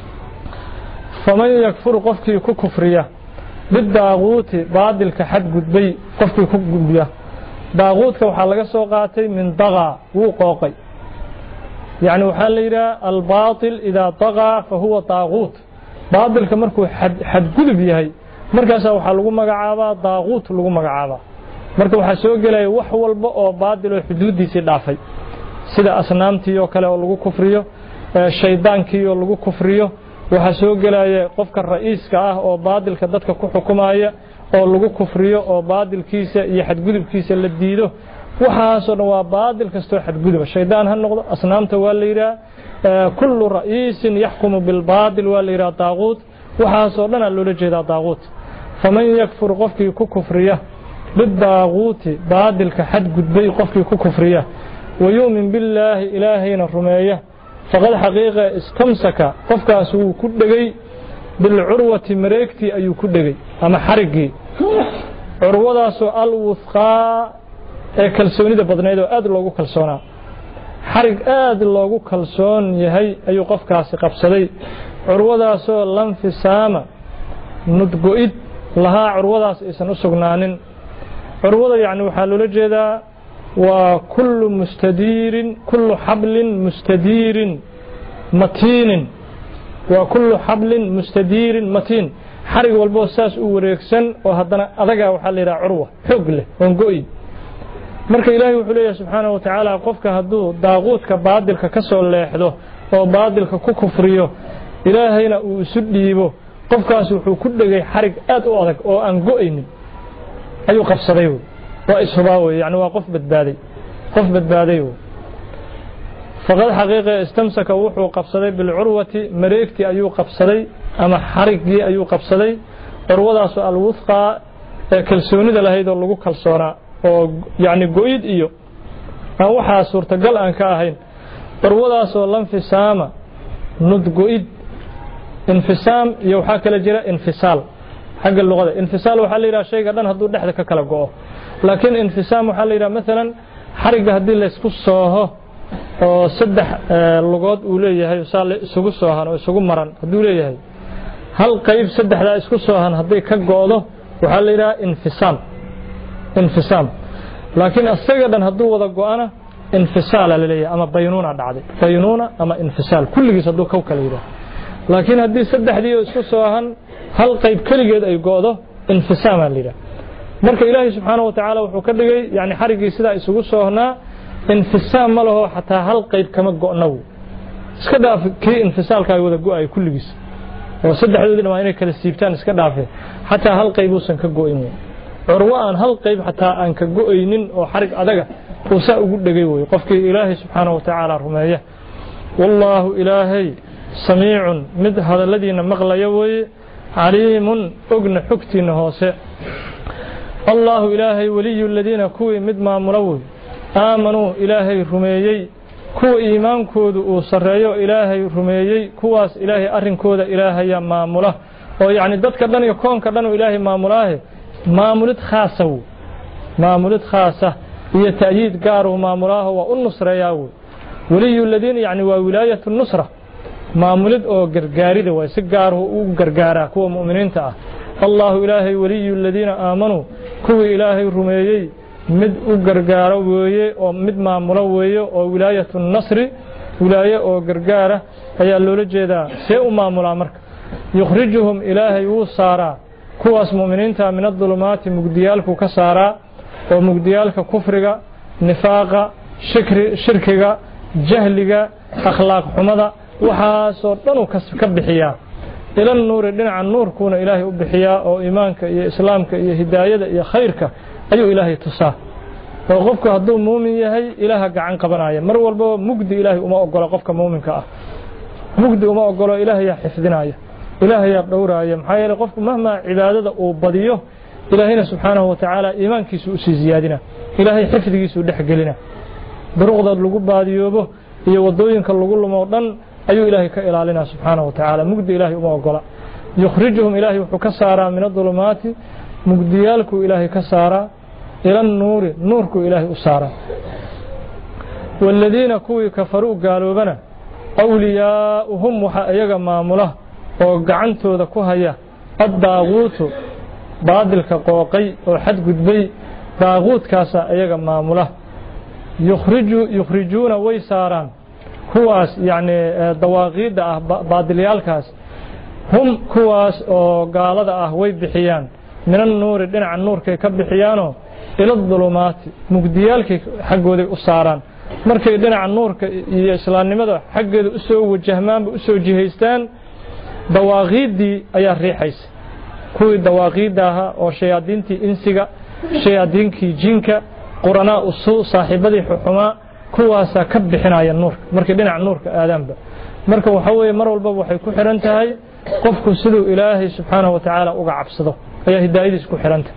faman yakfur qofkii ku kufriya bidaaquuti baadilka xadgudbay qofkii ku gudbiya daaquudka waxaa laga soo qaatay min dagaa wuu qooqay yacni waxaa la yidhaha albaatil idaa dagaa fa huwa daaquut baadilka markuu xadgudub yahay markaasaa waxaa lagu magacaabaa daaquut lagu magacaabaa marka waxaa soo gelaya wax walba oo baadil oo xuduuddiisii dhaafay sida asnaamtii oo kale oo lagu kufriyo shaydaankii oo lagu kufriyo waxaa soo gelaya qofka ra'iiska ah oo baadilka dadka ku xukumaya oo lagu kufriyo oo baadilkiisa iyo xadgudubkiisa la diido waxaasoo dhan waa baadil kastoo xadguduba shaydaan ha noqdo asnaamta waa la yidhaha kullu ra'iisin yaxkumu bilbaadil waa la yidhaha daaquut waxaasoo dhanaa loola jeedaa daaquut faman yakfur qofkii ku kufriya bidaaquuti baadilka xadgudbay qofkii ku kufriya wayu'min billaahi ilaahayna rumeeya faqad xaqiiqa istamsaka qofkaas wuu ku dhegay bilcurwati mareegtii ayuu ku dhegay ama xariggii curwadaasoo alwuthqaa ee kalsoonida badnayd oo aad loogu kalsoonaa xarig aad loogu kalsoon yahay ayuu qofkaasi qabsaday curwadaasoo lanfisaama nudgo-id lahaa curwadaas aysan u sugnaanin curwada yacni waxaa loola jeedaa waa kullu mustadiirin kullu xablin mustadiirin matiinin waa kullu xablin mustadiirin matiin xarig walboo saas u wareegsan oo haddana adagaa waxaa la yidhaha curwa xoog leh oon go-i marka ilaahay wuxuu leeyahay subxaanahu wa tacaala qofka hadduu daaquudka baadilka ka soo leexdo oo baadilka ku kufriyo ilaahayna uu isu dhiibo qofkaas wuxuu ku dhegay xarig aad u adag oo aan go-aynin ayuu qabsaday waa ishubaa wey yani waa qof badbaaday qof badbaaday faqad xaqiiqa istamsaka wuxuu qabsaday bilcurwati mareegtii ayuu qabsaday ama xariggii ayuu qabsaday curwadaasoo alwuthqaa ee kalsoonida lahayd oo lagu kalsoonaa oo yacni go-id iyo aan waxaa suurtagal aan ka ahayn curwadaasoo lanfisaama nudgo-id infisaam iyo waxaa kala jira infisaal xagga luqada infisaal waxaa la yidhaha shayga dhan hadduu dhexda ka kala go-o laakiin infisaam waxaa la yidhaha maalan xarigga haddii laysku sooho oo saddex lugood uu leeyahay saa isugu soohan oo isugu maran hadduu leeyahay هل قيب سدح لا اسكو سوهن هدي كغودو waxa la yiraahdaa infisal infisal laakiin asaga haduu wada go'ana infisal la leeyahay ama baynuna dhacday baynuna ama infisal kulligiis haduu ka kala yiraahdo laakiin hadii saddexdii isku soohan hal qayb kaligeed ay go'do infisal la yiraahdo marka ilaahay subhanahu wa ta'ala wuxuu ka dhigay yaani xarigii sida isugu soohnaa infisal ma laho xataa hal qayb kama go'no iska dhaaf kii infisalka ay wada go'ay kulligiis oo saddexdoodina waa inay kala siibtaan iska dhaafay حتى هل قيبوسن كغوين عروان هل قيب حتى ان كغوينين او حرق ادغا وسا ugu dhagay way qofkii ilaahay subhanahu wa ta'ala rumeeya wallahu ilaahay samii'un mid hadaladiina maqlayo way aliimun ogna xogtiina hoose allahu ilaahay waliyul ladina kuwi mid maamulaw aamanu ilaahay rumeeyay kuwa iimaankoodu uu sareeyo ilaahay rumeeyay kuwaas ilaahay arinkooda ilaahay maamula oo yaani dadka dhan iyo koonka dhan ilaahay maamulaahe maamulid khaasaw maamulid khaasa iyo taayid gaar oo maamulaaha waa u nusreeyaa waliyul ladina yaani waa wilaayatu nusra maamulid oo gargaarida way si gaar oo u gargaara kuwa muuminiinta ah allahu ilaahay waliyul ladina aamanu kuwa ilaahay rumeeyay mid u gargaaro weeye oo mid maamula weeye oo wilaayatu nasri wilaaye oo gargaara ayaa loola jeedaa see u maamulaa marka يخرجهم إلهي وصارا كواس مؤمنين من الظلمات مقديالك كسارا ومقديالك كفرك نفاق شكر شركك جهلك أخلاق حمضة وحاسوطن كبحيا إلى النور لنا عن النور كون إلهي أبحيا أو إيمانك يا إسلامك يا هداية يا خيرك أي إلهي تصاه وقفك هدو مؤمن يهي إلهك عن قبنايا مر والبو مقدي إلهي وما أقول قفك مؤمنك مقدي وما أقول إلهي حفظنايا إلهي يقدورايا maxaa yeelay qofku mahma cibaadada uu badiyo ilaahayna subhanahu wa ta'ala iimaankiisu u sii ziyaadina ilaahay xifdigiisu dhaxgelina duruqda lagu baadiyoobo iyo wadooyinka lagu lumo dhan ayuu ilaahay ka ilaalina subhanahu wa ta'ala mugdi ilaahay uma ogola yukhrijuhum ilaahay wuxuu ka saaraa min adulumaati mugdiyalku ilaahay ka saaraa ila nuuri nuurku ilaahay u saaraa walladina kuwi kafaru gaaloobana awliyaa'uhum waxa ayaga maamula oo gacantooda ku haya ad-daaquutu baadilka qooqay oo xad gudbay daaquutkaas ayaga maamula yukhriju yukhrijuna way saaraan kuwaas yaani dawaaqida ah baadilyaalkaas hum kuwaas oo gaalada ah way bixiyaan minan nuuri dhinaca nuurka ka bixiyaano ila dhulumaati mugdiyaalka xaqooda u saaraan markay dhinaca nuurka iyo islaamnimada xaqeeda u soo wajahmaan u soo jihaystaan dawaaqidii ayaa riixaysa kuwii dawaaqidaaha oo shayaadiintii insiga shayaadiinkii jinka qurana usuu saaxiibadii xuxuma kuwaasa ka bixinaya nuurka markii dhinaca nuurka aadaanba marka waxa weeye mar walba waxay ku xiran tahay qofku sidoo ilaahay subhanahu wa ta'ala uga cabsado ayaa hidaayadiis ku xiranta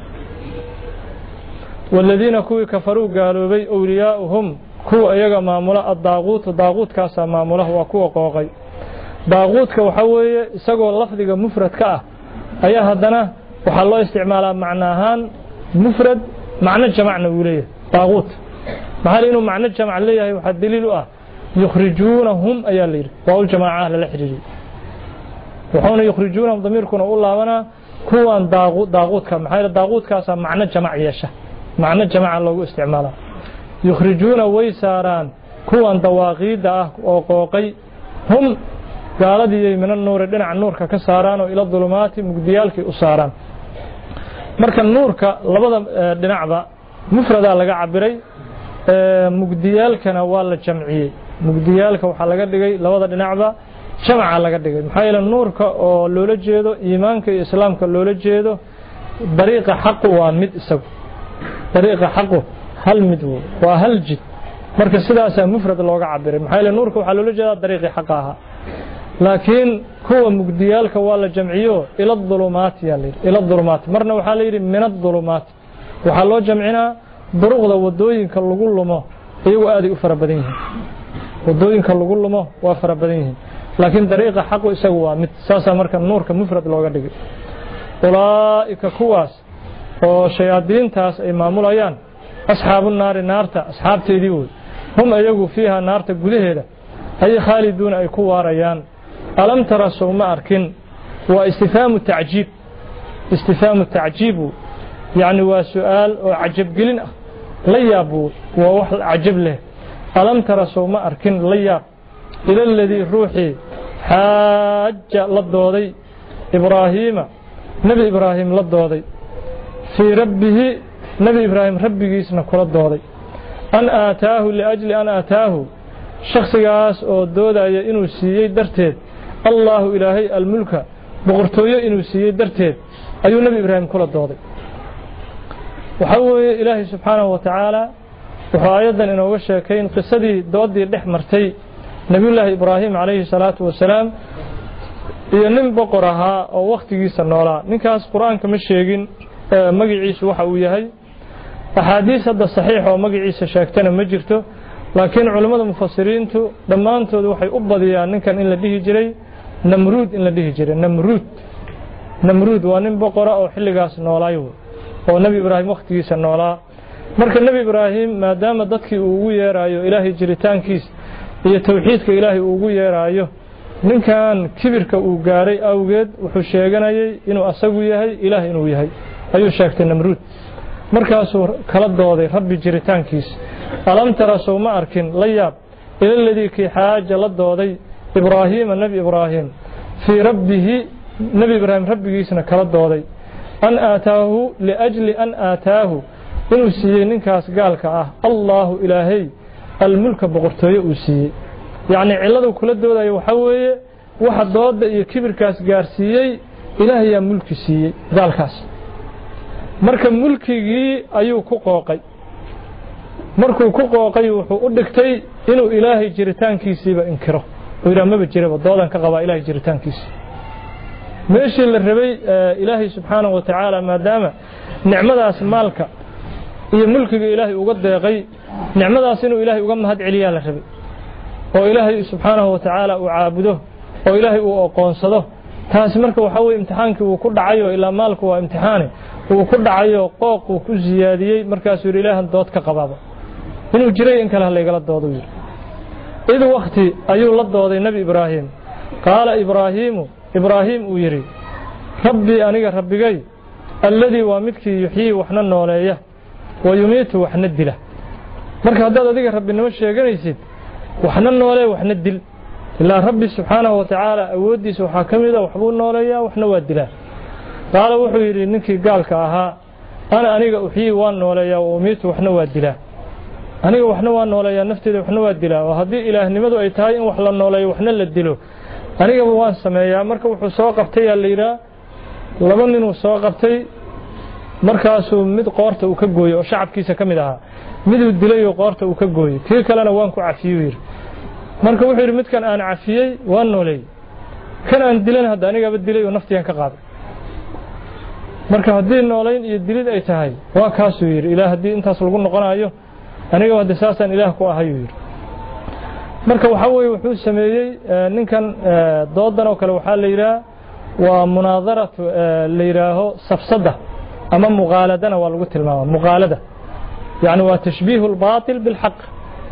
walladina kuwi kafaru gaaloobay awliyaa'uhum kuwa ayaga maamula ad-daaquut daaquutkaas maamula waa kuwa qooqay daaquutka waxa weeye isagoo lafdiga mufradka ah ayaa hadana waxa loo isticmaalaa macna ahaan mufrad macna jamacna uu leeyahay daaquut maxaa inuu macna jamac leeyahay waxa daliil u ah yukhrijunahum ayaa leeyahay waa jamaaca la xiriiriyay waxaana yukhrijunahum damirkuna u laabana kuwan daaquut daaquutka maxaa daaquutkaas macna jamac yeesha macna jamaca loogu isticmaalaa yukhrijuna way saaraan kuwan dawaaqida ah oo qooqay hum gaaladii min an-nuur dhinaca nuurka ka saaraan oo ila dhulumaati mugdiyalkii u saaraan marka nuurka labada dhinacba mufrada laga cabiray mugdiyalkana waa la jamciyay mugdiyalka waxa laga dhigay labada dhinacba jamca laga dhigay maxaa yeelay nuurka oo loola jeedo iimaanka iyo islaamka loola jeedo dariiqa xaq waa mid isagu dariiqa xaq hal mid waa hal jid marka sidaas mufrad looga cabiray maxaa yeelay nuurka waxa loola jeedaa dariiqi xaq ah laakiin kuwa mugdiyalka waa la jamciyo ila dhulumaat yaalay ila dhulumaat marna waxa la yiri min ad-dhulumaat waxa loo jamcinaa duruqda wadooyinka lagu lumo iyagu aad u fara badan yihiin wadooyinka lagu lumo waa fara badan yihiin laakiin dariiqa xaq isagu waa mid saasa marka nuurka mufrad looga dhigay ulaaika kuwaas oo shayaadiintaas ay maamulayaan asxaabun naari naarta asxaabteedii way hum ayagu fiiha naarta gudaheeda ay khaaliduuna ay ku waarayaan alam tara sawma arkin واستفهام التعجيب استفهام التعجيب يعني وسؤال وعجب قلنا ليابو ووحل عجب له ألم ترى سوما أركن لياب إلى الذي روحي حاج للدوضي إبراهيم نبي إبراهيم للدوضي في ربه نبي إبراهيم ربي جيسنا كل الدوضي أن آتاه لأجل أن آتاه شخص قاس أو دودا إنو سيي درتيد الله إلهي الملك بغرتوية إنو سيي درتيد أيو نبي إبراهيم كل الدوضي وحوي إلهي سبحانه وتعالى وحايدا إنه وشاكين قصدي دودي الإحمرتي نبي الله إبراهيم عليه الصلاة والسلام iyo nin boqor ahaa oo waqtigiisa noolaa ninkaas quraanka ma sheegin magaciisa waxa uu yahay ahadiis hadda saxiix oo magaciisa sheegtana ma jirto laakiin culimada mufassiriintu dhamaantood waxay u badiyaan ninkan in la dhihi jiray namruud in la dhihi jiray namruud namruud waa nin boqor oo xilligaas noolaayo oo nabi ibraahim waqtigiisa noolaa marka nabi ibraahim maadaama dadkii uu ugu yeerayo ilaahay jiritaankiis iyo tawxiidka ilaahay uu ugu yeerayo ninkan kibirka uu gaaray awgeed wuxuu sheeganayay inuu asagu yahay ilaahay inuu yahay ayuu sheegtay namruud markaasuu kala dooday rabbi jiritaankiis alam tara sawma arkin layaab ila alladii ki xaaja la dooday ibraahim nabi ibraahim fi rabbihi nabi ibraahim rabbigiisna kala dooday an aataahu liajli an aataahu inuu siiyey ninkaas gaalka ah allahu ilaahay almulka boqortooyo uu siiyey يعني علده كل الدولة يوحوي واحد ضد يكبر كاس جارسيي إله يا ملك سي ذال كاس مركب ملكي أيو كوقاقي مركب كوقاقي وحودكتي إنه إله جريتان كيسي بإنكره وإذا ما بتجرب الضالة كقبا إله جريتان كيسي ماشي للربي آه إلهي سبحانه وتعالى ما دام نعمة مالك هي ملك إلهي وقد يغي نعمة إنه إلهي وقم هاد عليا للربي oo ilaahay subhanahu wa ta'ala uu caabudo oo ilaahay uu aqoonsado taas marka waxa weey imtixaankii uu ku dhacayo ilaa maalku waa imtixaan uu ku dhacayo qooq uu ku ziyaadiyay markaas uu ilaahan dood ka qabaaba inuu jiray in kala leegala doodo yiri id waqti ayuu la dooday nabi ibraahim qaala ibraahim ibraahim uu yiri rabbi aniga rabbigay alladii waa midkii yuhyi waxna nooleeya wa yumiitu waxna dila marka hadaad adiga rabbinimo sheeganaysid وحنا نولي وحنا الدل إلا ربي سبحانه وتعالى أودي سوحا كميدا وحبو نوليا وحنا وادلا قال وحيري نكي قال كاها أنا أنيق أحيي وان نوليا وأميت وحنا وادلا أنيق وحنا وان نوليا نفتي وحنا وادلا وهذه إله نمدو أيتاين وحلا نوليا وحنا للدلو أنيق وان سمايا مركب وحو سواقفتي الليلة لمنين وسواقفتي مركاسو مد قارته وكقوي وشعب كيسا كميدها mid uu dilay oo qoorta uu ka gooyay kii kalena waan ku cafiyay marka wuxuu yiri midkan aan cafiyay waan noolay kan aan dilan hada aniga ba dilay oo naftiyan ka qaaday marka hadii noolayn iyo dilid ay tahay waa kaas uu yiri ilaahay hadii intaas lagu noqonayo aniga wada saasan ilaah ku ahay yiri marka waxa weey wuxuu sameeyay ninkan doodan oo kale waxa la yiraahdaa waa munaadaratu la yiraaho safsada ama muqaaladana waa lagu tilmaamay muqaalada يعني وتشبيه الباطل بالحق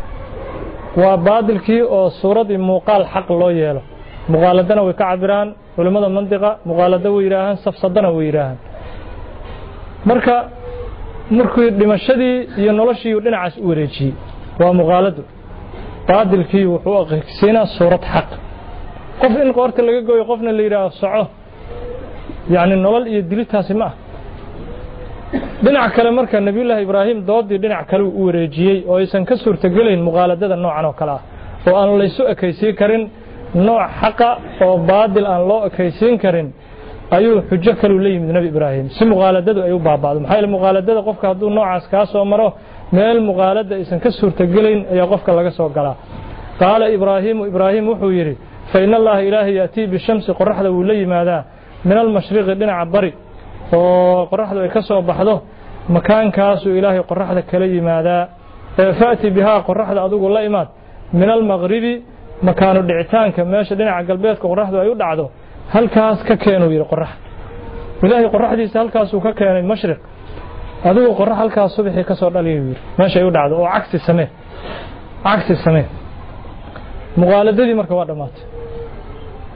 وباطل كي أو صورة مقال حق الله يله مقالدنا وكعبران ولماذا المنطقة مقالدة ويراهن صفصدنا ويراهن مركا مركو دمشدي ينولشي ودنا عس وريجي ومقالده باطل كي وحقوق سينا صورة حق قف إن قارت اللي جوي قفنا اللي يراه صعه يعني النول يدلتها سماه dhinac kale marka nabi ilaahay ibraahim doodii dhinac kale uu wareejiyay oo aysan ka suurtagelayn muqaaladada noocan oo kala ah oo aan la isu ekaysiin karin nooc xaqa oo baadil aan loo ekaysiin karin ayuu xujo kale u leeyahay nabi ibraahim si muqaaladadu ay u baabaado maxay la muqaaladada qofka haduu noocaas ka soo maro meel muqaalada aysan ka suurtagelayn ayaa qofka laga soo galaa qaala ibraahim ibraahim wuxuu yiri fa inna allaha ilaahi yati bi shamsi qorraxda uu la yimaada min al mashriqi dhinaca bari oo qorraxdu ay ka soo baxdo makaankaas uu ilaahay qorraxda kala yimaada faati biha qorraxda adigu la imaad min al maghribi makaanu dhicitaanka meesha dhinaca galbeedka qorraxdu ay u dhacdo halkaas ka keenuu yiri qorrax ilaahay qorraxdiisa halkaas uu ka keenay mashriq adigu qorrax halkaas subaxii ka soo dhaliyo yiri meesha ay u dhacdo oo cagsi samee cagsi samee muqaaladadii marka waa dhamaatay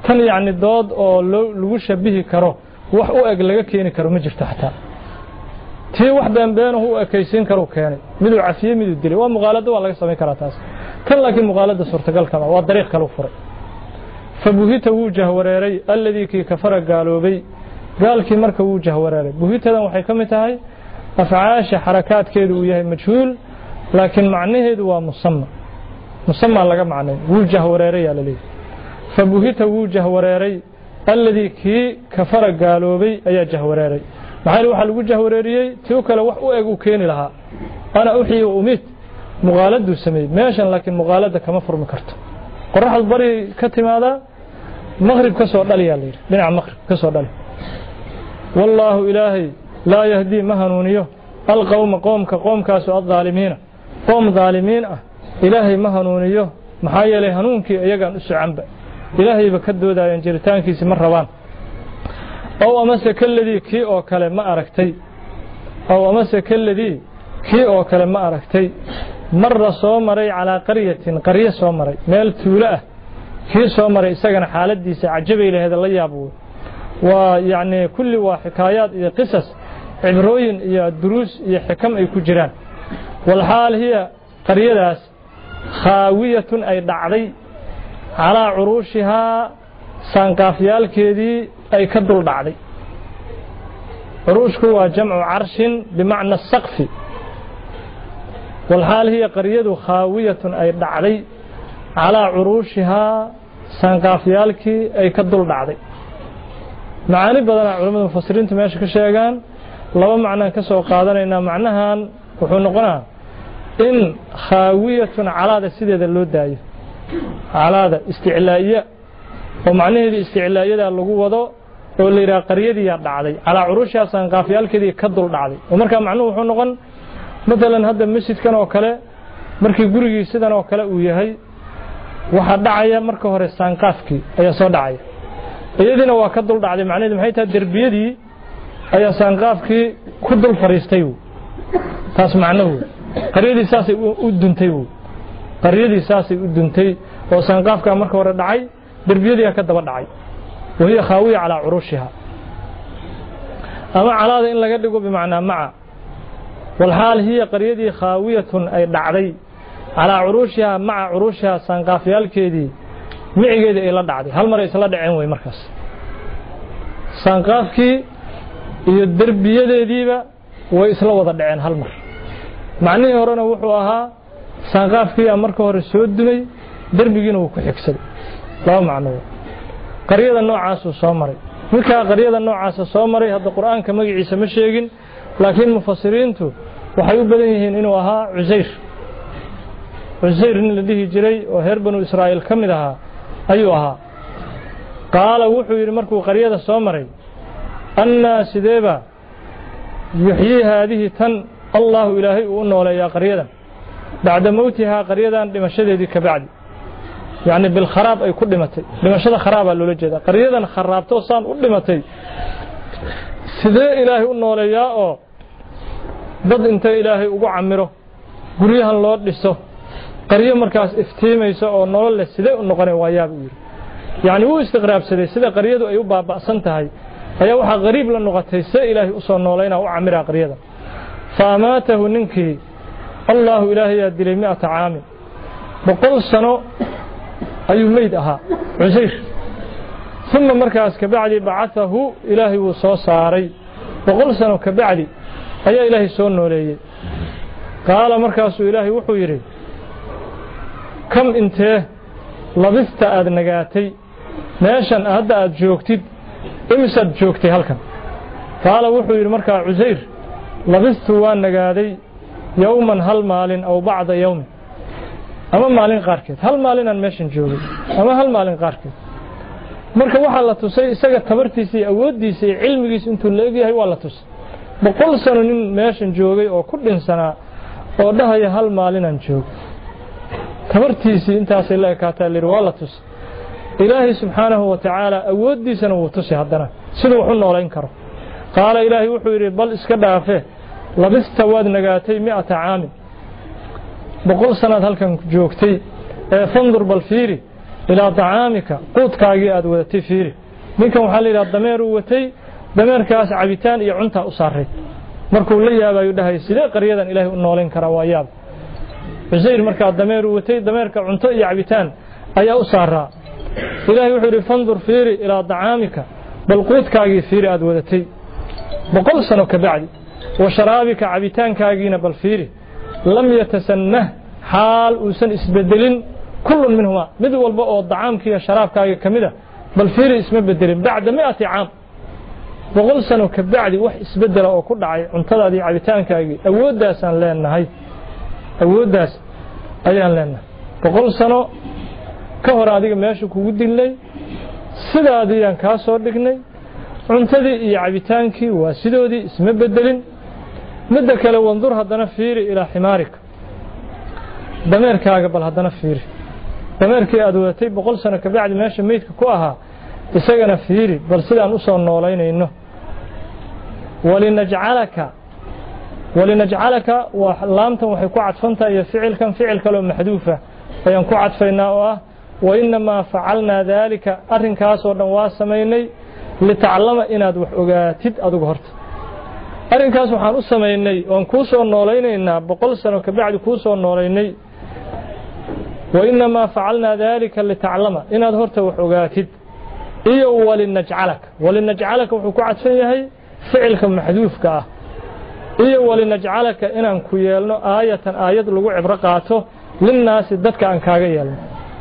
tan yani dood oo lagu shabihi karo wax u eg laga keeni karo ma jirto xataa tii wax beenbeenahu u ekaysiin karo keenay miduu cafiye miduu dilay waa muqaalada waa laga sameyn karaa taas tan laakiin muqaalada suurtagal kama waa dariiq kale u furay fabuhita wuu jahwareeray alladii kii kafara gaaloobay gaalkii marka wuu jahwareeray buhitadan waxay ka mid tahay afcaasha xarakaadkeedu uu yahay majhuul laakiin macnaheedu waa musamma musamma laga macnay wuu jahwareeray yaa la leeyahay fabuhita wuu jahwareeray alladii kii kafara gaaloobay ayaa jahwareeray maxaa waxa lagu jahwareeriyay tii kale wax u eg u keeni lahaa ana uxiyo umid muqaaladu sameey meeshan laakiin muqaalada kama furmi karto qoraxdu bari ka timaada maghrib ka soo dhaliya leeyahay dhinaca maghrib ka soo dhali wallahu ilaahi la yahdi mahanuniyo alqawma qawmka qawmkaas oo dhaalimiina qawm dhaalimiin ah ilaahi mahanuniyo maxaa yeelay hanuunkii iyagaan u socanba ilaahay ba ka doodayaan jiritaankiisa ma rabaan oo amase kalladii kii oo kale ma aragtay oo amase kalladii kii oo kale ma aragtay marra soo maray calaa qaryatin qaryo soo maray meel tuulo ah kii soo maray isagana xaaladiisa cajabay lahayd la yaabo waa yaani kulli waa xikaayaad iyo qisas cibrooyin iyo duruus iyo xikam ay ku jiraan wal haal hiya qaryadaas khaawiyatun ay dhacday على عروشها سانقافيالكيدي أي كدل دعدي عروشك هو جمع عرش بمعنى السقف والحال هي قرية خاوية أي دعدي على عروشها سانقافيالكي أي كدل دعدي معاني بدنا علماء المفسرين تماشي كشيغان لو معنى كسو قادنا إن معناها وحنقنا إن خاوية على ذا سيدة اللو دايه على هذا استعلاءية ومعنى هذه استعلاءية اللي وضع واللي را قريدي دعدي على عروشها سانقافيال كدي كدل دعدي ومركا معنوه وحو نقول مثلا هذا المسجد كان oo kale markii gurigii sidan oo kale uu yahay waxa dhacaya marka hore saanqaafki ayaa soo dhacay iyadina waa ka dul dhacday macnaheedu maxay tahay darbiyadii ayaa saanqaafki ku dul fariistay taas macnaheedu qariidii saasay u duntay qaryadii saasay u duntay oo saanqaafka marka hore dhacay darbiyadii ka daba dhacay wahiya khaawiya ala urushiha ama calaada in laga dhigo bimaana maca wal haal hiya qaryadii khaawiyatun ay dhacday ala urushiha maca urushiha saanqaafyaalkeedii micigeeda ay la dhacday hal mar ay isla dhaceen way markaas saanqaafkii iyo darbiyadeediiba way isla wada dhaceen hal mar macnaheedu horena wuxuu ahaa saanqaafkii marka hore soo dumay darbigiina uu ku xigsaday laba macno qaryada noocaas oo soo maray marka qaryada noocaas soo maray hadda quraanka magaciisa ma sheegin laakiin mufassiriintu waxay u badan yihiin inuu ahaa Uzayr Uzayr in la dhihi jiray oo heer banu Israa'iil kamid ahaa ayuu ahaa qaala wuxuu yiri markuu qaryada soo maray anna sideba yuhyi hadhihi tan Allah ilaahi uu nooleeyaa qaryadan بعد موتها قرية دمشقة كبعد يعني بالخراب أي كل متى دمشقة خراب اللي جدا قرية خرابته صان كل متى سيد إلهي إنه ليا أو ضد أنت إلهي وقع عمره قريها الله لسه قرية مركز افتيم يسوع نور للسيد إنه قرية وياه يعني هو استغراب سيد سيد قرية أيوب بأسنتها هي هي واحد غريب لأنه قد سيد إلهي أصلا نولينا وعمرها قرية فماته ننكي الله إلهي يدلي مئة عام بقول سنة أي ميدها عزير ثم مركز كبعدي بعثه إلهي وصوصاري بقول سنة كبعدي أي إلهي سنة لي قال مركز إلهي وحويري كم انت لبست أدنقاتي ناشا أهدأ جوكتي امسد جوكتي هلكا قال وحويري مركز عزير لبست وأنقاتي يوما هل مال أو بعض يوم أما مالين قاركت هل مالين أن ماشين جوجي أما هل مالين قاركت مركا waxaa la tusay isaga tabartiisii awoodiisii cilmigiisa intuu leeyahay waa la tusay boqol sano nin meeshan joogay oo ku dhinsanaa oo dhahaya hal maalin aan joog tabartiisii intaas la ekaataa lir waa la tusay ilaahi subhanahu wa ta'ala awoodiisana wuu tusay hadana sidoo wuxuu nooleyn karo qaala ilaahi wuxuu yiri bal iska dhaafe لبست واد نجاتي مئة عام بقول سنة هل كان جوكتي فانظر بالفيري إلى طعامك قوت كاجي أدوتي فيري منكم حال إلى الضمير وتي ضمير كاس عبيتان يعنتا أصاري مركو لي أبا يدهي سيدا قريدا إلهي النولين كرواياب عزير مركا الضمير وتي ضمير كعنتا يعبيتان أي أصارا إلهي وحوري فانظر فيري إلى طعامك بل قوت كاجي فيري أدوتي بقول سنة كبعد وشرابك عبيتان كاجينا بالفيري لم يتسنه حال وسن اسبدلين كل منهما مد والبا او طعامك يا شرابك كميده بل فيري اسم بدلين بعد مئة عام بقول سنه كبعدي wax isbedela oo ku dhacay cuntadaadii cabitaankaagi awoodaas aan leenahay awoodaas ayaan leenahay boqol sano ka hor adiga meesha kugu dilay sidaadii aan ka soo dhignay cuntadii iyo cabitaankii waa sidoodii isma bedelin midda kale wandur hadana fiiri ila ximaarika dameerkaaga bal hadana fiiri dameerkii aad wadatay boqol sano ka bacdi meesha meedka ku ahaa isagana fiiri bal sidaan u soo noolaynayno walinaj'alaka walinaj'alaka wa laamtan waxay ku cadfantahay ficilkan ficil kale oo maxduufa ayaan ku cadfaynaa oo ah wa inma fa'alna dhalika arrinkaas oo dhan waa sameeynay li ta'allama inaad wax ogaatid adigu horta arrinkaas waxaan u sameeynay oon ku soo noolaynaynaa boqol sano ka bacdi ku soo noolaynay wa inma fa'alna dhalika li ta'allama inaad horta wax ogaatid iyo walinaj'alaka walinaj'alaka wuxuu ku cadfan yahay ficilka maxduufka ah iyo walinaj'alaka inaan ku yeelno aayatan aayad lagu cibro qaato linnaas dadka aan kaaga yeelno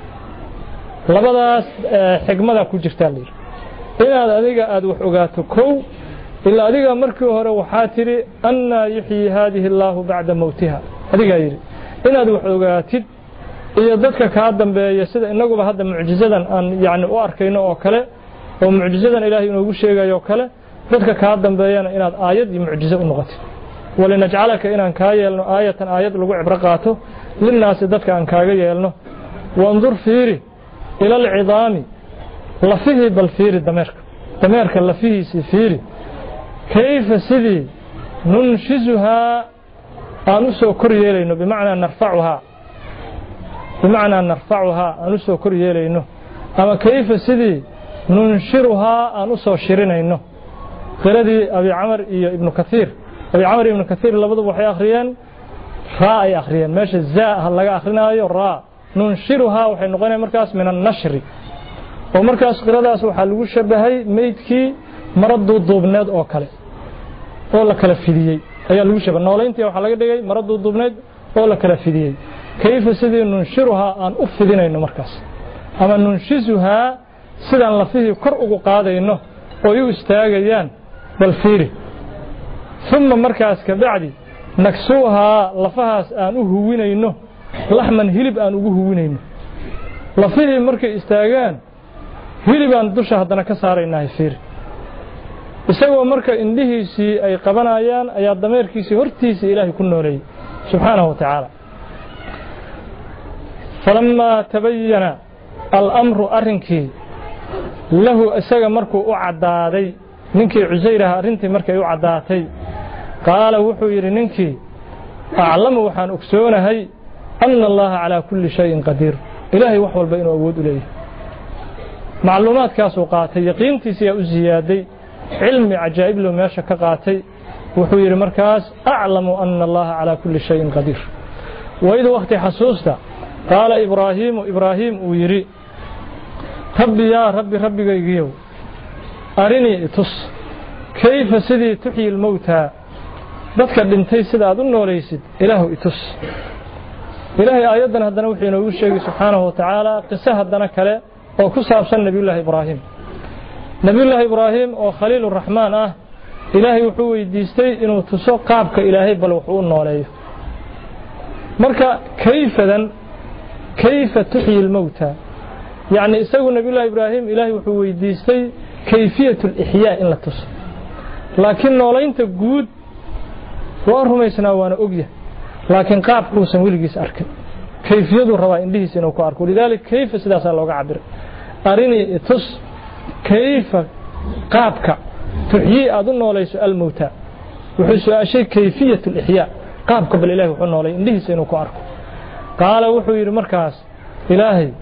labadaas xigmada ku jirta leer inaad adiga aad wax ogaato kow ila adiga markii hore waxa tiri anna yuhyi hadhihi allah ba'da mawtiha adiga yiri inaad wax ogaatid iyo dadka ka dambeeya sida inaguba hadda mucjizadan aan yaani u arkayno oo kale oo mucjizadan ilaahay inuu sheegayo oo kale dadka ka dambeeyana inaad aayad iyo mucjizo u noqotid walinaj'alaka inaan ka yeelno aayatan aayad lagu cibro qaato linnaas dadka aan kaaga yeelno wandur fiiri ila al'idami lafihi bal fiiri dameerka dameerka lafihiisi fiiri kayfa sidii nunshizuha aanu soo kor yeelayno bimaana narfa'uha bimaana narfa'uha aanu soo kor yeelayno ama kayfa sidii nunshiruha aanu soo shirinayno qiradii abi amr iyo ibn kathir abi amr ibn kathir labadu waxay akhriyeen raa ay akhriyeen meesha zaa laga akhrinayo raa nunshiruha waxay noqonaysaa markaas min an-nashri oo markaas qiradaas waxa lagu shabahay meydkii maradu duubneed oo kale oo la kala fidiyay ayaa lagu shabahay noolayntii waxa laga dhigay maradu duubneed oo la kala fidiyay kayfa sidii nunshiruha aan u fidinayno markaas ama nunshizuha sidaan lafihii kor ugu qaadayno oo ay istaagayaan bal fiiri thumma markaas ka bacdi naksuha lafahaas aan u huwinayno laxman hilib aan ugu huwinayno lafihii markay istaagaan hilibaan dusha hadana ka saaraynaa fiiri isagoo marka indhihiisii ay qabanayaan ayaa dameerkiisii hortiisa ilaahay ku nooleeyay subhanahu wa ta'ala falamma tabayyana al-amru arrinki lahu isaga markuu u cadaaday ninkii Cusayraha arintii markay u cadaatay qaala wuxuu yiri ninkii a'lamu waxaan ogsoonahay anna allaha ala kulli shay'in qadir ilaahay wax walba inuu awood u leeyahay macluumaadkaas uu qaatay yaqiintiisa u ziyaaday cilmi ajaa'ib loo meesha ka qaatay wuxuu yiri markaas a'lamu anna allaha ala kulli shay'in qadir wayda waqti xasuusta qaala ibraahim ibraahim uu yiri rabbi ya rabbi rabbigaygiyow arini tus kayfa sidii tuhyi al-mawta dadka dhintay sida aad u noolaysid ilaahu itus ilaahay aayadan hadana wuxuu inoo sheegay subhanahu wa ta'ala qisa hadana kale oo ku saabsan nabiyullaahi ibraahim nabiyullaahi ibraahim oo khaliilur rahmaan ah ilaahay wuxuu weydiistay inuu tuso qaabka ilaahay bal wuxuu u nooleeyo marka kayfadan kayfa tuhyi al-mawta يعني isagu nabiyullaahi ibraahim ilaahay wuxuu weydiistay kayfiyatul ihya in la tuso laakiin noolaynta guud waa rumaysnaa waana ogyahay laakiin qaabkuusan wiligiis arkin kayfiyadu rabaa indhihiisa inuu ku arko lidaalika kayfa sidaas looga cabiray arini tus kayfa qaabka tuhyi aad u noolayso al-mawta wuxuu su'aashay kayfiyatul ihya qaabka bal ilaahay wuxuu noolay indhihiisa inuu ku arko qaala wuxuu yiri markaas ilaahay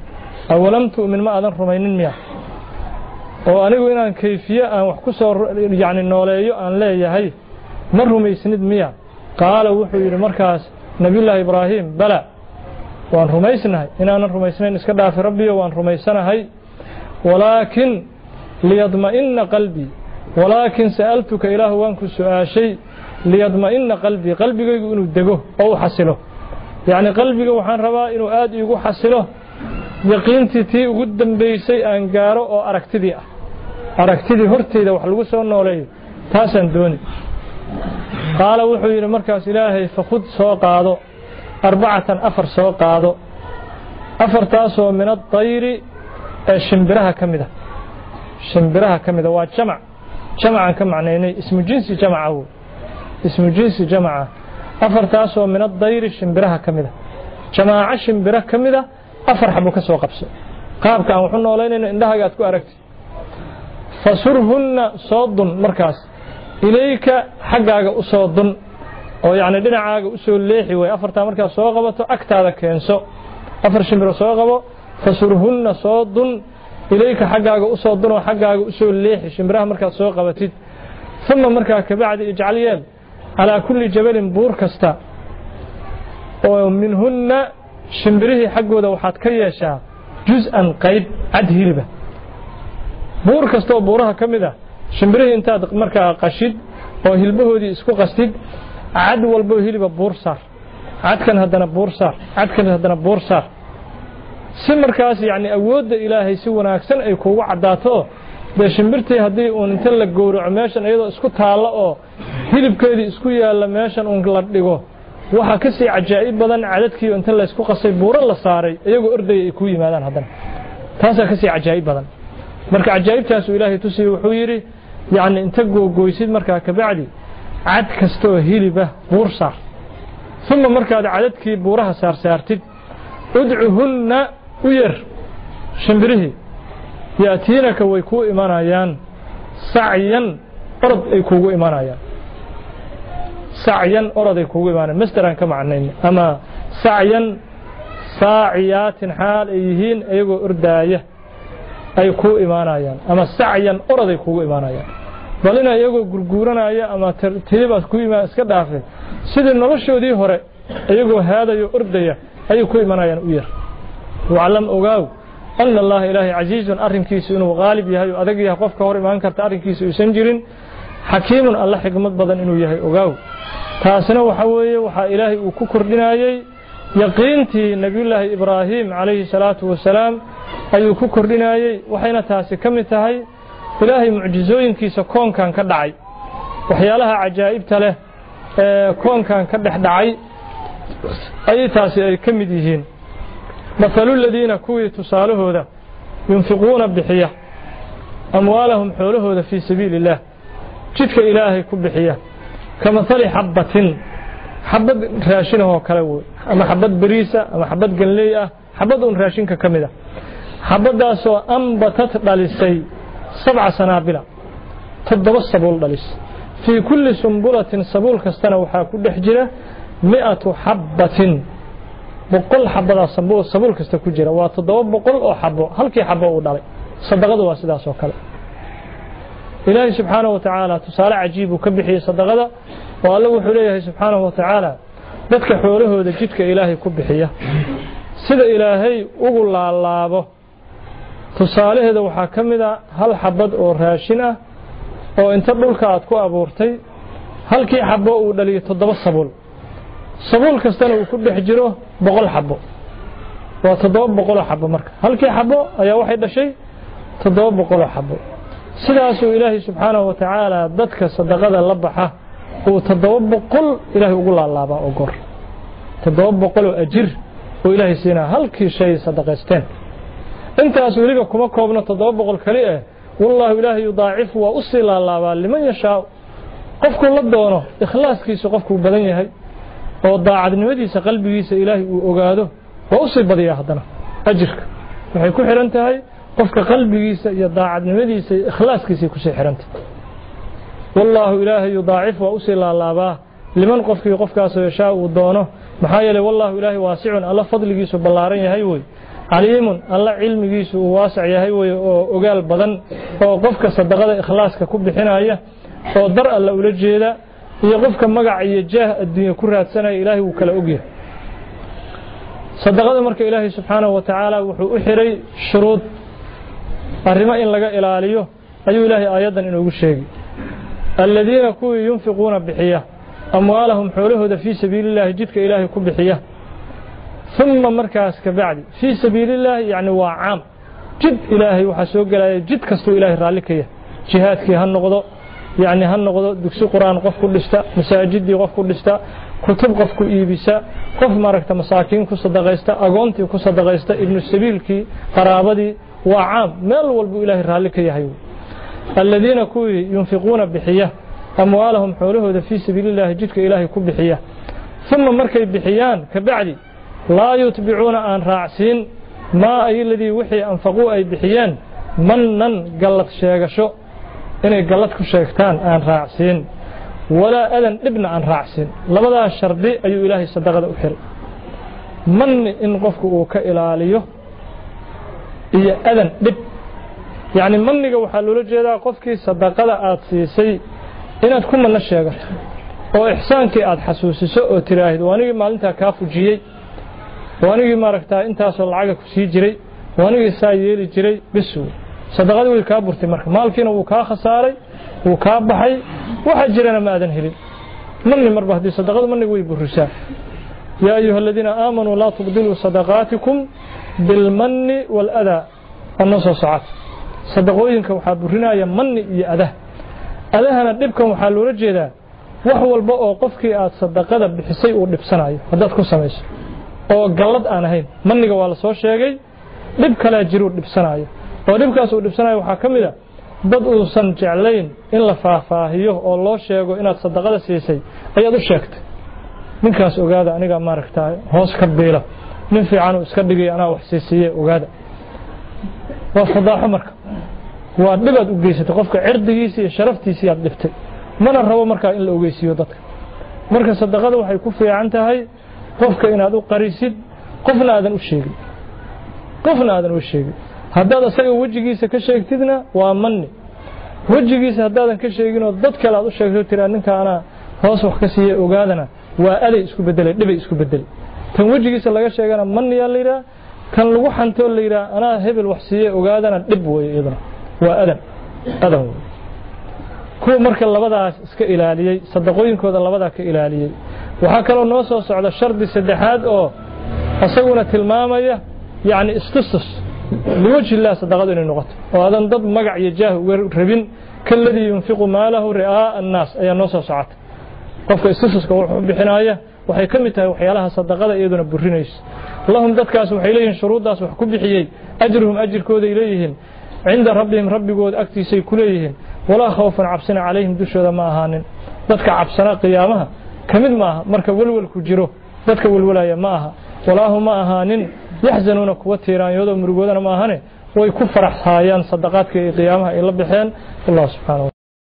أولم تؤمن ما أذن رمين مياه وأنا وإن كيفية أن وحكسر يعني النولي أن لا يهي مر ميسند مياه قال وحي المركز نبي الله إبراهيم بلى وأن رميسنا إن أنا رميسنا نسكدها في ربي وأن رميسنا هي ولكن ليطمئن قلبي ولكن سألتك إله وانك سؤال شيء ليطمئن قلبي قلبي يقول دقه أو حسله يعني قلبي وحان ربا إنه آد يقول حسله يقينتي تي قدام بيسي أنقاره أو أركتدي أركتدي هرتي إذا وحلقوا سوى وليه تاسا دوني قال وحي المركز إلهي فخذ سوق هذا أربعة أفر سوق هذا أفر تاسو من الطير شمبرها كمده شمبرها كمده وجمع جمعا كمعنيني اسم جنسي جمعه اسم جنسي جمعه أفر تاسو من الطير شمبرها كمده جماعة شمبرها كمده أفر حبو كسو قبسه قابك أن وحنا ولين إنها قاتكو أركت فسرهن صاد مركز إليك حقاق أصاد أو يعني دينعاق أسول ليحي وأفر تا مركز سوغبته أكتاذا كينسو أفر شمبر سوغبه فسرهن صاد إليك حقاق أصاد وحقاق أسول ليحي شمبرها مركز سوغبتid ثم مركز كبعد إجعليان على كل جبل بور كستا ومنهن شمبريه حقوده waxaad ka yeeshaa juz'an qayb cad hilba buur kasto buuraha kamida shimbirihii intaad markaa qashid oo hilbahoodii isku qastid cad walba hilba buur saar cadkan hadana buur saar cadkan hadana buur saar si markaas yaani awoodda ilaahay si wanaagsan ay kuugu cadaato de shimbirtii hadii uu inta la gowraco meeshan iyadoo isku taalo oo hilibkeedii isku yaala meeshan uu la dhigo waxa ka sii ajaa'ib badan cadadkii inta la isku qasay buuro la saaray iyagoo orday ay ku yimaadaan hadan taas ka sii ajaa'ib badan marka ajaa'ibtaas ilaahay tusi wuxuu yiri yaani inta googooysid marka ka bacdi cad kasto hiliba buur saar thumma marka cadadkii buuraha saar saartid ud'uhunna uyr shimbirihi yaatinaka way ku imanayaan sa'yan orod ay kuugu imanayaan سعيا أراد يكون معنا مسترا كمعنين أما سعيا ساعيات حال أيهين أيقو إرداية أيكو إيمانايا أما سعيا أراد يكون إيمانايا بلنا أيقو قرقورنا أيا أما ترتيبا كوي ما اسكد آخر سيد النرشو دي هوري أيقو هذا يؤردايا أيكو إيمانايا أوير وعلم أغاو أن الله إلهي عزيز أرم كيسو إنه غالب يهي أدق يهقف كهوري ما أنكرت أرم كيسو يسنجرين حكيم الله حكمت بدن إنه يهي أغاو taasina waxa weeye waxa ilaahay uu ku kordhinayay yaqiintii nabiyullaahi ibraahim calayhi salaatu wasalaam ayuu ku kordhinayay waxayna taasi kamid tahay ilaahay mucjizooyinkiisa koonkan ka dhacay waxyaalaha ajaa'ibta leh ee koonkan ka dhex dhacay ay taasi ay kamid yihiin mathalul ladina kuwi tusaalahooda yunfiquuna bixiya amwaalahum xoolahooda fi sabiilillah jidka ilaahay ku bixiya كمثل حبة حبة راشنه كلاوي أما حبة بريسة أما حبة جنلية حبة راشين ككمدة حبة داسو أنبتت دالسي سبع سنابل تدبس سبول دالس في كل سنبلة سبول كستنا وحا كل حجرة مئة حبة بقول حبة سبول سبول كست كجرة وتدوب بقول أو حبة هل كي حبة ودالي صدقة واسداسو كلا إلهي سبحانه وتعالى تسالع عجيب وكبحي صدقه والله وحليه سبحانه وتعالى dadka xoolahooda jidka ilaahay ku bixiya sida ilaahay ugu laalaabo tusaalaheeda waxa kamida hal xabad oo raashin ah oo inta dhulka aad ku abuurtay halkii xabo uu dhaliyo toddoba sabul sabul kastana uu ku dhex jiro boqol xabo waa toddoba boqol xabo marka halkii xabo ayaa waxay dhashay toddoba boqol xabo sidaas uu ilaahay subxaanahu wa ta'ala dadka sadaqada la baxa oo toddoba boqol ilaahay ugu laalaaba oo gor toddoba boqol oo ajir oo ilaahay siina halkii shay sadaqaysteen intaas waliba kuma koobna toddoba boqol kali ah wallahi ilaahay yudaacifu wa usila laaba liman yasha qofku la doono ikhlaaskiisa qofku badan yahay oo daacadnimadiisa qalbigiisa ilaahay uu ogaado waa usii badiyaa hadana ajirka waxay ku xiran tahay qofka qalbigiisa iyo daacadnimadiisa iyo ikhlaaskiisa ku sii xiranta wallahu ilaahi yudaacifu wa usila laaba liman qofkii qofkaas yeeshaa uu doono maxaa yeelay wallahu ilaahi waasi'un alla fadligiisu ballaaran yahay way عليم الله علميgiisu uu waasac yahay way oo ogaal badan oo qofka sadaqada ikhlaaska ku bixinaya oo dar alla ula jeeda iyo qofka magac iyo jaah adduunyo ku raadsanaya ilaahay uu kala ogyahay sadaqada marka ilaahay subxaanahu wa ta'ala wuxuu u xiray shuruud arrimo in laga ilaaliyo ayuu ilaahay aayadan inoogu sheegay alladina kuwa yunfiquna bixiya amwaalahum xoolahooda fi sabiilillahi jidka ilaahay ku bixiya thumma markaas ka bacdi fi sabiilillahi yani waa caam jid ilaahay waxa soo galaya jid kasto ilaahay raali ka yahay jihaadkii ha noqdo yani ha noqdo dugsi quraan qof ku dhista masaajidii qof ku dhista kutub qof ku iibisa qof maaragta masaakiin ku sadaqaysta agoontii ku sadaqaysta ibnu sabiilkii qaraabadii waa caam meel walba ilaahay raali ka yahay alladina kuwa yunfiquna bixiya amwaalahum xoolahooda fi sabiilillahi jidka ilaahay ku bixiya thumma markay bixiyaan ka bacdi laa yutbicuuna aan raacsiin maa ay ladii wixii anfaquu ay bixiyeen mannan gallad sheegasho inay gallad ku sheegtaan aan raacsiin walaa adan dhibna aan raacsiin labadaas shardi ayuu ilaahay sadaqada u xiray manni in qofku uu ka ilaaliyo iyo adan dhib yani manniga waxaa loola jeedaa qofkii sadaqada aad siisay inaad ku manno sheegato oo ixsaankii aad xasuusiso oo tiraahdo waanigii maalintaa kaa fujiyey waanigii maaragtaa intaasoo lacaga ku sii jiray waanigii saa yeeli jiray bisu sadaqadii way kaa burtay marka maalkiina wuu kaa khasaaray wuu kaa baxay waxa jirana ma aadan helin manni marba haddii sadaqadu manniga way burisaa yaa ayuha aladiina aamanuu laa tubdiluu sadaqaatikum bilmanni waaladaa anoo soo socota sadaqooyinka waxaa burinaya manni iyo adah adahana dhibkan waxaa loola jeedaa wax walba oo qofkii aad sadaqada bixisay uu dhibsanayo haddaad ku samayso oo gallad aan ahayn manniga waa la soo sheegay dhib kalaa jiruu dhibsanayo oo dhibkaas uu dhibsanayo waxaa ka mid a dad uusan jeclayn in la faahfaahiyo oo loo sheego inaad sadaqada siisay ayaad u sheegtay ninkaas ogaada aniga maaragtaa hoos ka biila nin fiican uu iska dhigay anaa wax siisiiye ogaada waa fadaaxo marka waa dhibaad u geysatay qofka cirdigiisa iyo sharaftiisa aad dhiftay mana rabo markaa in la ogeysiiyo dadka marka sadaqada waxay ku fiican tahay qofka inaad u qarisid qofna aadan u sheegin qofna aadan u sheegin haddaad asaga wejigiisa ka sheegtidna waa manni wejigiisa haddaadan ka sheegin oo dad kale aad u sheegto tiraa ninka anaa hoos wax ka siiye ogaadana waa aday isku bedelay dhibay isku bedelay tan wejigiisa laga sheegana manniyaa la yidhaha kan lagu xantoo la yidhaha anaa hebel wax siiye ogaadana dhib weeye iyadana waa adan adan wey kuwa marka labadaas iska ilaaliyey sadaqooyinkooda labadaa ka ilaaliyey waxaa kaloo noo soo socda shardi saddexaad oo asaguna tilmaamaya yani istustus liwajhi illah sadaqadu inay noqoto oo adan dad magac iyo jaah uga rabin kaladii yunfiqu maalahu ri'aa annaas ayaa noo soo socota qofka istustuska wuxuu bixinaya waxay ka mid tahay waxyaalaha sadaqada iyaduna burinayso lahum dadkaas waxay leeyihiin shuruuddaas wax ku bixiyey ajruhum ajirkooday leeyihiin cinda rabbihim rabbigood agtiisay ku leeyihiin walaa khawfan cabsina calayhim dushooda ma ahaanin dadka cabsana qiyaamaha ka mid maaha marka welwelku jiro dadka welwelaya ma aha walaahu ma ahaanin yaxzanuuna kuwa tiiraanyoodo murugoodana ma ahane way ku faraxhaayaan sadaqaadka iyo qiyaamaha ay la baxeen allah subxaanahu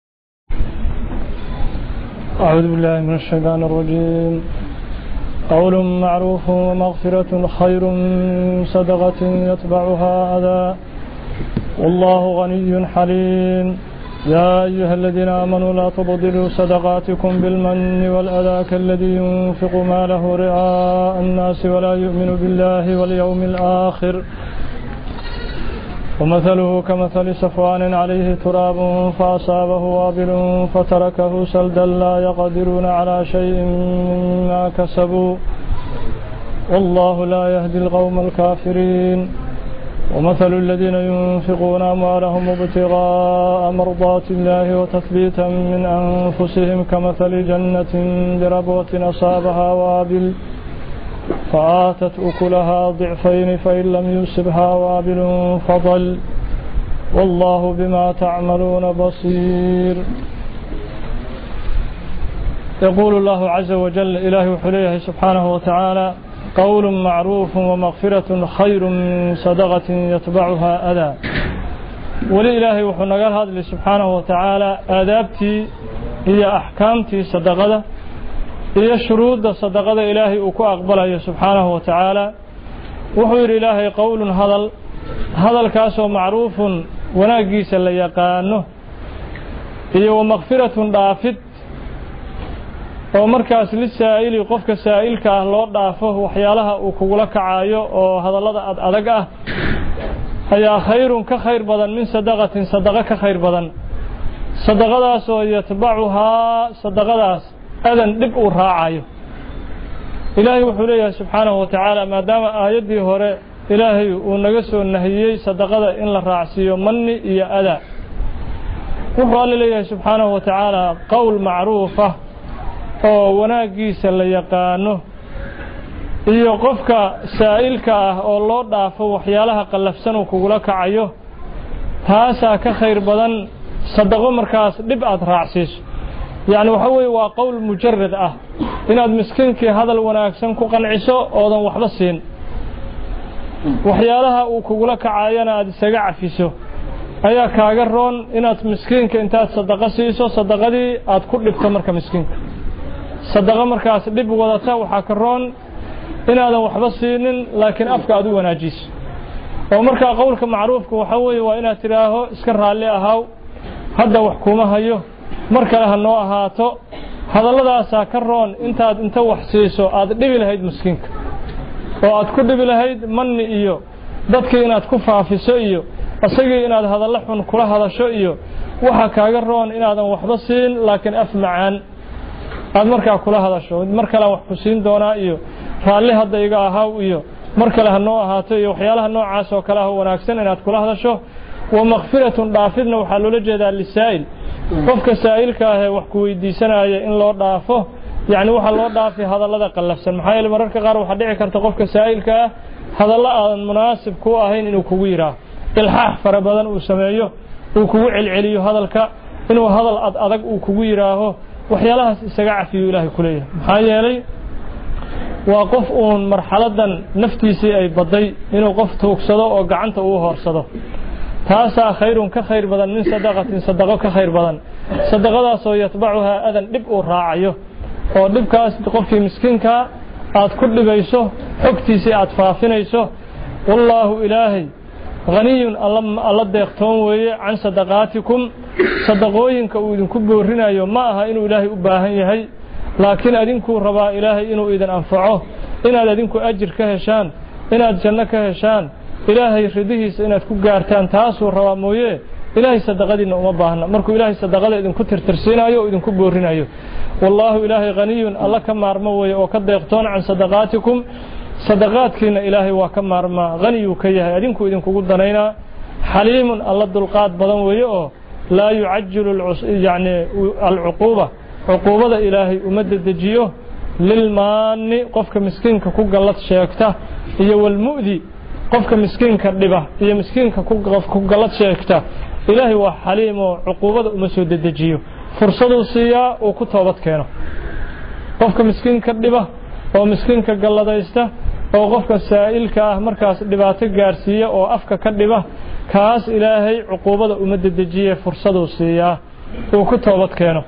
أعوذ بالله من الشيطان الرجيم قول معروف ومغفرة خير من صدقة يتبعها أذى والله غني حليم يا أيها الذين آمنوا لا تبطلوا صدقاتكم بالمن والأذى كالذي ينفق ماله رئاء الناس ولا يؤمن بالله واليوم الآخر ومثله كمثل صفوان عليه تراب فأصابه وابل فتركه سلدا لا يقدرون على شيء مما كسبوا والله لا يهدي القوم الكافرين ومثل الذين ينفقون أموالهم ابتغاء مرضات الله وتثبيتا من أنفسهم كمثل جنة بربوة أصابها وابل فآتت أكلها ضعفين فإن لم يصبها وابل فضل والله بما تعملون بصير يقول الله عز وجل إله حليه سبحانه وتعالى قول معروف ومغفرة خير من صدقة يتبعها أذى ولإلهي وحنا قال هذا سبحانه وتعالى آدابتي هي أحكامتي صدقة هي شروط صدقة إلهي وكو أقبلها سبحانه وتعالى وحير إلهي قول هذا هذا الكاس معروف وناقيس اللي يقانه إيه ومغفرة ضافت ومركز للسائل قفك السائل كأهل ضافه وحيالها وكولك عايو وهذا الله أدقه هي خير كخير بدن من صدقة صدقة كخير بدن صدقة سو يتبعها صدقة أذن دب وراعي إلهي وحليه سبحانه وتعالى ما دام آيدي هراء إلهي ونقصه النهيي صدقة إن الرعسي مني إيا أذى وحال إليه سبحانه وتعالى قول معروفة وناقيس اللي يقانه إيا قفك سائلك أو الله ضعفه وحيالها قلفسن وكولك عيوه تاسا كخير بدن صدقه مركز دبعة رعسيس يعني وحوي وقول مجرد أه إن المسكين كي هذا الوناكسن كقنعسو أوضا وحبسين وحيالها وكولك عاينا أدساقع فيسو أيا كاقرون إن مسكين كي انتاد صدقه سيسو صدقه دي أدكور لبتمر كمسكين صدقه مركز دب وضتا وحاكرون إن هذا وحبسين لكن أفكا أدو وناجيس ومركا قولك معروفك وحوي وإن تراه اسكر علي أهاو هذا وحكومة هيو مركا لها النوع هاتو هذا الله ساكرون انت انت وحسيسو اد دبي لهيد مسكينك oo aad ku dhibi lahayd manni iyo dadka inaad ku faafiso iyo asagii inaad hadal xun kula hadasho iyo waxa kaaga roon inaadan waxba siin laakiin af macaan aad markaa kula hadasho marka la wax ku siin doonaa iyo raalli hadda iga ahaa iyo marka la hanoo ahaato iyo waxyaalaha noocaas oo kala ah wanaagsan inaad kula hadasho wa maghfiratun dhaafidna waxa loo jeedaa lisaa'il qofka saa'ilka ah wax ku weydiisanaya in loo dhaafo يعني waxa loo dhaafay hadallada qalafsan maxay yeelay mararka qaar waxa dhici karta qofka saa'ilka ah hadalla aan munaasib ku ahayn inuu kugu yiraahdo ilxaax farabadan uu sameeyo uu kugu cilciliyo hadalka inuu hadal ad adag uu kugu yiraahdo waxyaalahaas isaga cafiyo ilaahay kuleeyahay maxay yeelay waa qof uun marxaladan naftiisii ay baday inuu qof toogsado oo gacanta uu hoorsado taasa khayrun ka khayr badan min sadaqatin sadaqo ka khayr badan sadaqadaas oo yatbacuha adan dib u raacayo oo dibkaas qofkii miskiinka aad ku dhibayso xogtiisa aad faafinayso wallahu ilaahi ghaniyun alla deeqtoon weeye can sadaqaatikum sadaqooyinka uu idinku boorinayo ma aha inuu ilaahay u baahan yahay laakiin adinku rabaa ilaahay inuu idin anfaco inaad adinku ajir ka heshaan inaad janno ka heshaan ilaahay ridihiisa inaad ku gaartaan taasuu rabaa mooye ilaahay sadaqadiina uma baahna markuu ilaahay sadaqada idinku tirtirsiinayo oo idinku boorinayo والله إلهي غني الله كما رموي وكديقتون عن صدقاتكم صدقاتكنا إلهي وكما رما غني وكيه أدينكو إذنكو قدنينا حليم الله الدلقات بدن ويؤه لا يعجل العص يعني العقوبة عقوبة إلهي أمدد دجيه للمان قفك مسكين كو قلت شيكته هي والمؤذي قفك مسكين كردبه هي مسكين كو قلت شيكته إلهي وحليم عقوبة أمسود دجيه فرصة سيا وكتابت كانوا قفك مسكين كردبه أو مسكين كقلدايسته أو قفك سائل كاه مركز دباتك جارسية أو أفك كردبه كاس إلهي عقوبة أمد الدجية فرصة سيا وكتابت كانوا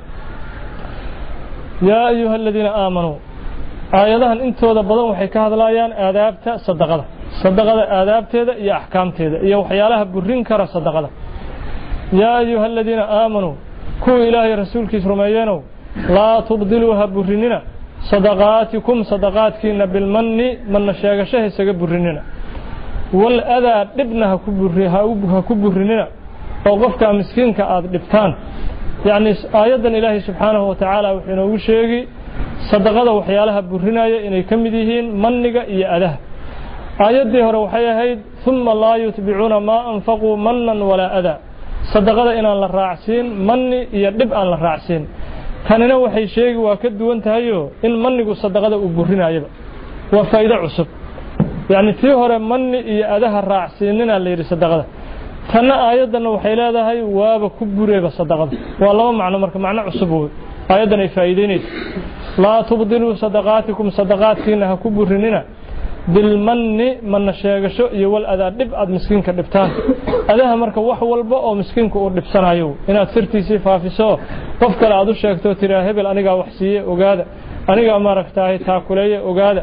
يا أيها الذين آمنوا آياتها أنتوا ذبضوا وحكى هذا الآيان آدابته صدقة صدقة آدابته يا أحكامته يا وحيالها برين كرا صدقة يا أيها الذين آمنوا كو إلهي رسولك سرميانو لا تبدلوها برننا صدقاتكم صدقاتكنا بالمن من شاقشه سيقى برننا والأذى ابنها كبرننا وقفك مسكينك أدبتان يعني آيادا إلهي سبحانه وتعالى وحين وشيقي صدقات وحيالها برننا إني كمديهين منك إيا أذى آيات دي هروحية هيد ثم لا يتبعون ما أنفقوا منا ولا أذى صدقada inaan la raacsin manni iyo dib aan la raacsin tanina waxay sheegi waa ka duwan tahay in mannigu sadaqada uu burinayaba waa faa'iido cusub yaani tii hore manni iyo adaha raacsinina la yiri sadaqada tan aayadana waxay leedahay waaba ku bureeba sadaqada waa laba macno marka macno cusub oo aayadan ay faa'iideynayso la tubdilu sadaqaatikum sadaqaatkiina ha ku burinina بالمن من شيغشو iyo wal adaa dib aad miskiinka dhibtaan adaha marka wax walba oo miskiinku uu dhibsanayo inaad sirtiisi faafiso qof kale aad u sheegto tiraa hebel aniga wax siiye ogaada aniga ma aragtaay taa kuleeye ogaada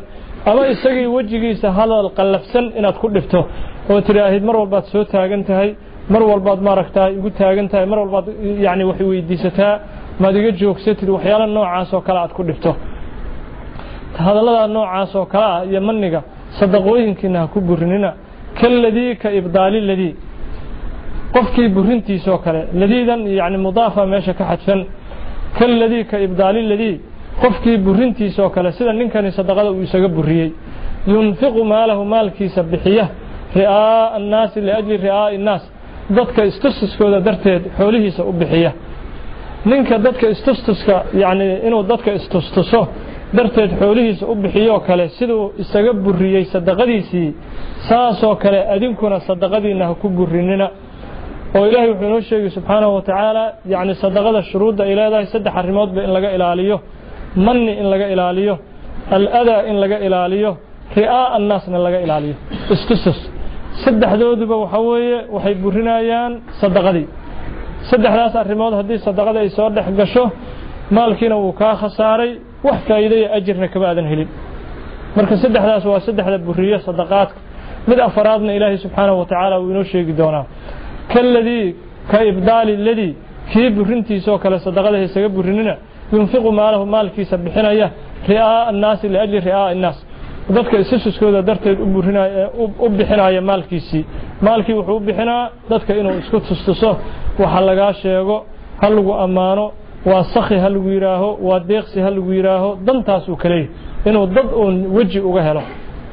ama isagii wajigiisa hadal qallafsan inaad ku dhifto oo tiraahid mar walbaad soo taagan tahay mar walbaad maaragtaa igu taagan tahay mar walbaad yaani wax weydiisataa maad iga joogsatid waxyaalo noocaas oo kale aad ku dhifto hadallada noocaas oo kale ah iyo maniga sadaqooyinkiina ku burinina kalladii ka ibdaali ladii qofkii burintiisa oo kale ladiidan yaani mudaafa meesha ka xadfan kalladii ka ibdaali ladii qofkii burintiisa oo kale sida ninkani sadaqada uu isaga buriyay yunfiqu maalahu maalkiisa bixiya ri'aa an-naas li ajli ri'aa an-naas dadka istustuskooda darteed xoolihiisa u bixiya ninka dadka istustuska yaani inuu dadka istustuso darteed xoolihiisa u bixiyo kale sidoo isaga buriyay sadaqadiisii saasoo kale adinkuna sadaqadiina ku burinina oo ilaahay wuxuu noo sheegay subxaanahu wa ta'ala yaani sadaqada shuruudda ay leedahay saddex arrimood in laga ilaaliyo manni in laga ilaaliyo al-adaa in laga ilaaliyo ri'aa an-naasna laga ilaaliyo istustus saddexdooduba waxa weeye waxay burinayaan sadaqadii saddexdaas arrimood haddii sadaqada ay soo dhex gasho maalkiina wuu ka khasaaray wax faa'iido iyo ajirna kama aadan helin marka saddexdaas waa saddexda buriyo sadaqaadka mid afaraadna ilaahay subxaanahu wa ta'ala uu inoo sheegi doonaa kalladii ka ibdaali ladii kii burintiisa oo kale sadaqada isaga burinina yunfiqu maalahu maalkiisa bixinaya ri'aa an-naas li ajli ri'aa an-naas dadka istuskooda darteed u burinaya u bixinaya maalkiisii maalkii wuxuu u bixinaa dadka inuu isku tustuso waxa laga sheego hal lagu amaano waa sakhi hal lagu yiraaho waa deeqsi hal lagu yiraaho dantaas uu kale inuu dad oon waji uga helo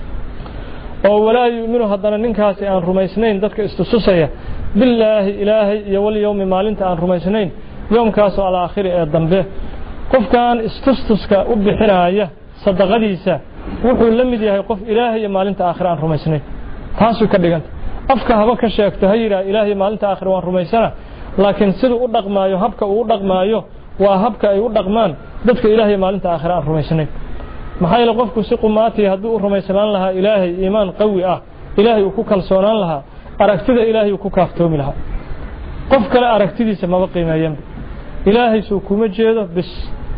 oo walaa yu'minu hadana ninkaasi aan rumaysnayn dadka istustusaya billaahi ilaahi iyo wal yawmi maalinta aan rumaysnayn yoomkaas oo aakhiri ee dambe qofkan istustuska u bixinaya sadaqadiisa wuxuu la mid yahay qof ilaahay iyo maalinta aakhir aan rumaysnayn taasoo ka dhiganta afka haba ka sheegto hayra ilaahay maalinta aakhir waan rumaysana laakiin sidoo u dhaqmaayo habka uu dhaqmaayo waa habka ay u dhaqmaan dadka ilaahay maalinta aakhir aan rumaysnayn maxay la qofku si qumaati hadduu u rumaysanaan lahaa ilaahay iimaan qawi ah ilaahay uu ku kalsoonaan lahaa aragtida ilaahay uu ku kaaftoomi lahaa qof kale aragtidiisa ma qiimeeyaan ilaahay soo kuma jeedo bis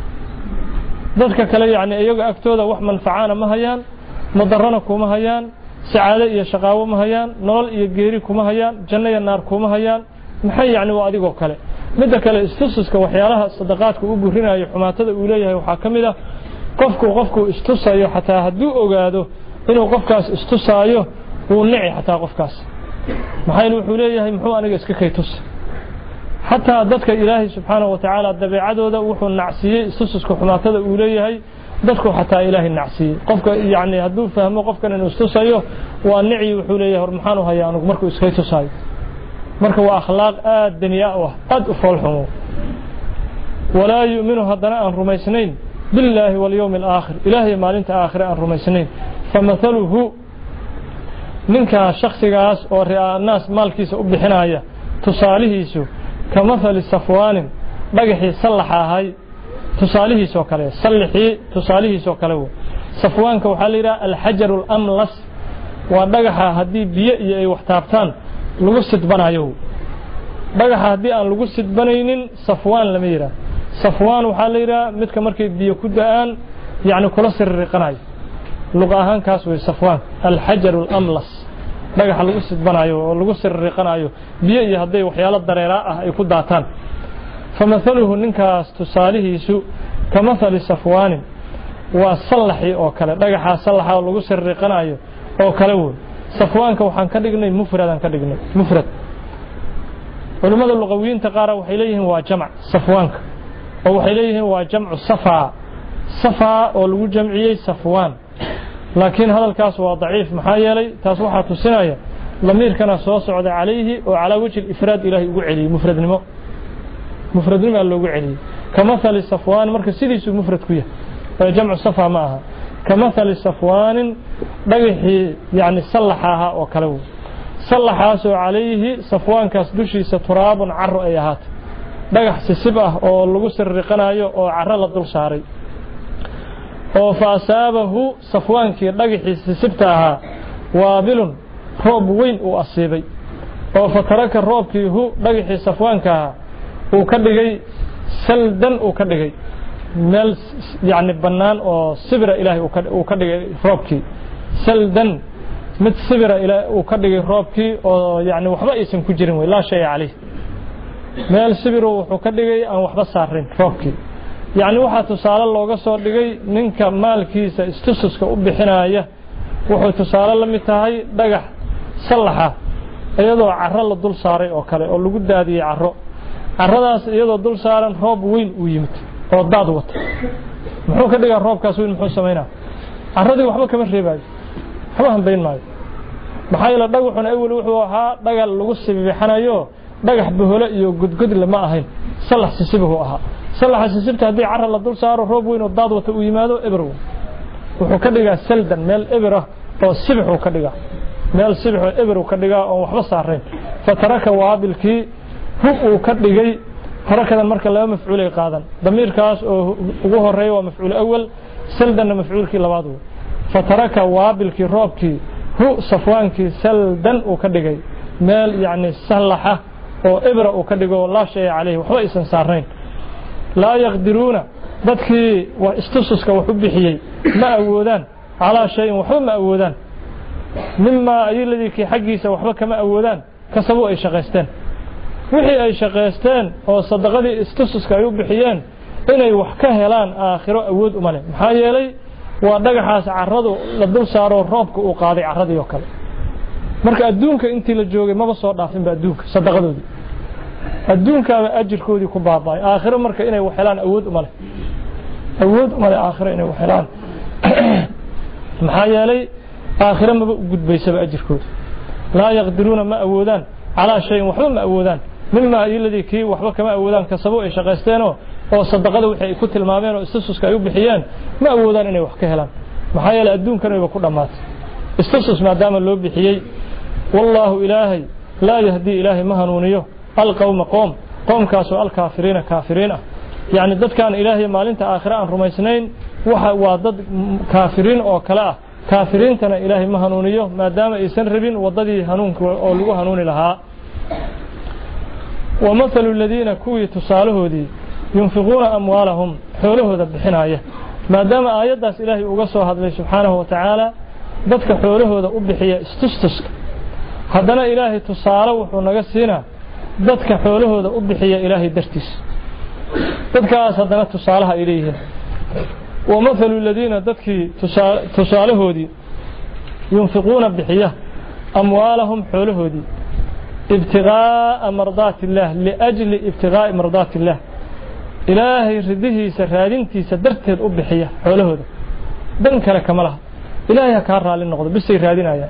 dadka kale yaani iyaga agtooda wax manfacaana ma hayaan madarrana kuma hayaan sacaado iyo shaqaawo ma hayaan nolol iyo geeri kuma hayaan janno iyo naar kuma hayaan maxay yaani waa adigoo kale mid kale istususka waxyaalaha sadaqaadku u burinayo xumaatada uu leeyahay waxa kamid ah qofku qofku istusayo xataa hadduu ogaado inuu qofkaas istusaayo uu nici xataa qofkaas maxay wuxuu leeyahay muxuu aniga iska kaytus xataa dadka ilaahay subxaanahu wa ta'ala dabeecadooda wuxuu nacsiyay istususka xumaatada uu leeyahay dadku xataa ilaahay nacsiyay qofka yaani hadduu fahmo qofkan inuu istusayo waa nici wuxuu leeyahay war maxaan u hayaa anigu markuu iska kaytusayo marka waa akhlaaq aad daniya ah aad u foolxumo walaa yu'minu hadana aan rumaysnayn billaahi wal yawmil aakhir ilaahay maalinta aakhir aan rumaysnayn famathaluhu ninka shakhsigaas oo ri'aa naas maalkiisa u bixinaya tusaalihiisu kamathali safwaanin dhagaxii sallaxahay tusaalihiisa oo kale sallaxii tusaalihiisa oo kale safwaanka waxa la yiraahdaa al-hajarul amlas waa dhagaxa hadii biyo iyo ay wax taabtaan lagu sidbanayo dhagaxa hadii aan lagu sidbanaynin safwaan lama yiraahdo safwaan waxa la yiraahdaa midka markay biyo ku da'aan yaani kula sirriqanayo luqa ahaan kaas way safwaan al-hajarul amlas dhagaxa lagu sidbanayo oo lagu sirriqanayo biyo iyo haday waxyaalo dareera ah ay ku daataan famathaluhu ninkaas tusaalihiisu kamathali safwaan waa sallaxi oo kale dhagaxa sallaxa oo lagu sirriqanayo oo kale uu safwaanka waxaan ka dhignay mufradan ka dhignay mufrad culimada luqawiyiinta qaar waxay leeyihiin waa jamac safwaanka oo waxay leeyihiin waa jamcu safa safa oo lagu jamciyay safwaan laakiin hadalkaas waa daciif maxaa yeelay taas waxa tusinaya lamiirkana soo socda calayhi oo ala wajhi ifraad ilaahi ugu celiyo mufradnimo mufradnimo loogu celiyo kamathali safwaan marka sidiisu mufrad ku yahay jamcu safa ma aha kamathali safwaan dhagaxi yaani sallaxaha oo kale sallaxaas oo calayhi safwaankaas dushiisa turaabun carro ay ahaat dhagax sisib ah oo lagu sirriqanayo oo carro la dul saaray oo faasabahu safwaankii dhagaxi sisibta ahaa waabilun roob weyn uu asiibay oo fataraka roobkii hu dhagaxi safwaanka uu ka dhigay saldan uu ka dhigay meel yani bannaan oo sibira ilaahay uu ka dhigay roobkii saldan mid sibira ilaahay uu ka dhigay roobkii oo yani waxba aysan ku jirin way laa shay calayh meel sibir wuxuu ka dhigay aan waxba saarin roobkii yani waxa tusaale looga soo dhigay ninka maalkiisa istususka u bixinaya wuxuu tusaale la mid tahay dhagax salaxa iyadoo carro la dul saaray oo kale oo lagu daadiyay carro carradaas iyadoo dul saaran roob weyn uu yimid oo daad wata muxuu ka dhigaa roobkaas weyn muxuu sameynaa carradii waxba kama reebayo waxba hanbayn maayo maxaa yeele dhagaxuna awal wuxuu ahaa dhagal lagu sibibixanayo dhagax boholo iyo gudgud lama ahayn salax sisibuhu ahaa salax sisibta haddii carra la dul saaro roob weyn oo daad wata uu yimaado ebrow wuxuu ka dhigaa saldan meel ebra oo sibixuu ka dhigaa meel sibixoo ebrow ka dhigaa oo waxba saarayn fataraka waabilkii hub uu ka dhigay harakadan marka laba mafcuulay qaadan damiirkaas oo ugu horeeyo waa mafcuul awal saldanna mafcuulkii labaad wey fataraka waabilkii roobkii hu safwaankii saldan uu ka dhigay meel yani sallaxa oo ebra uu ka dhigo laa shay calayhi waxba aysan saarayn laa yaqdiruuna dadkii waa istususka wax u bixiyey ma awoodaan calaa shayin waxba ma awoodaan mimaa ayaladii kii xaggiisa waxba kama awoodaan kasabuu ay shaqaysteen wixii ay shaqaysteen oo sadaqadii istususka ay u bixiyeen inay wax ka helaan aakhiro awood uma leh maxaa yeelay waa dhagaxaas carradu la dul saaro roobka uu qaaday carradii oo kale marka adduunka intii la joogay maba soo dhaafinba adduunka sadaqadoodii adduunkaaba ajirkoodii ku baaba'ay aakhiro marka inay wax helaan awood uma leh awood uma leh aakhiro inay wax helaan maxaa yeelay aakhiro maba u gudbaysaba ajirkooda laa yaqdiruuna ma awoodaan calaa shayin waxba ma awoodaan mimaa ayaladii kii waxba kama awoodaan kasabo ay shaqaysteenoo oo sadaqada wixii ay ku tilmaameen oo istususka ay u bixiyeen ma awoodaan inay wax ka helaan maxaa yeelay adduunkan wayba ku dhammaatay istusus maadaama loo bixiyey wallaahu ilaahay laa yahdii ilaahay ma hanuuniyo alqowma qoom qoomkaasoo alkaafiriina kaafiriin ah yacni dadkaan ilaahay maalinta aakhire aan rumaysnayn waxa waa dad kaafiriin oo kale ah kaafiriintana ilaahay ma hanuuniyo maadaama aysan rabin waddadii hanuunka oo lagu hanuuni lahaa ومثل الذين كوي تسالهودي ينفقون أموالهم حولهود بحناية ما دام آيات إلهي أقصوا هذا سبحانه وتعالى بدك حولهود أبحية استستسك هذا إلهي تساله ونقصينا بدك حولهود أبحية إلهي درتس بدك أصدنا تسالها إليه ومثل الذين بدك تسالهودي ينفقون بحية أموالهم حولهودي ابتغاء مرضات الله لأجل ابتغاء مرضات الله إلهي رده سرادينتي سدرتي الأبحية حوله هذا دنك لك ملها إلهي كارها للنقض بس يرادين آيات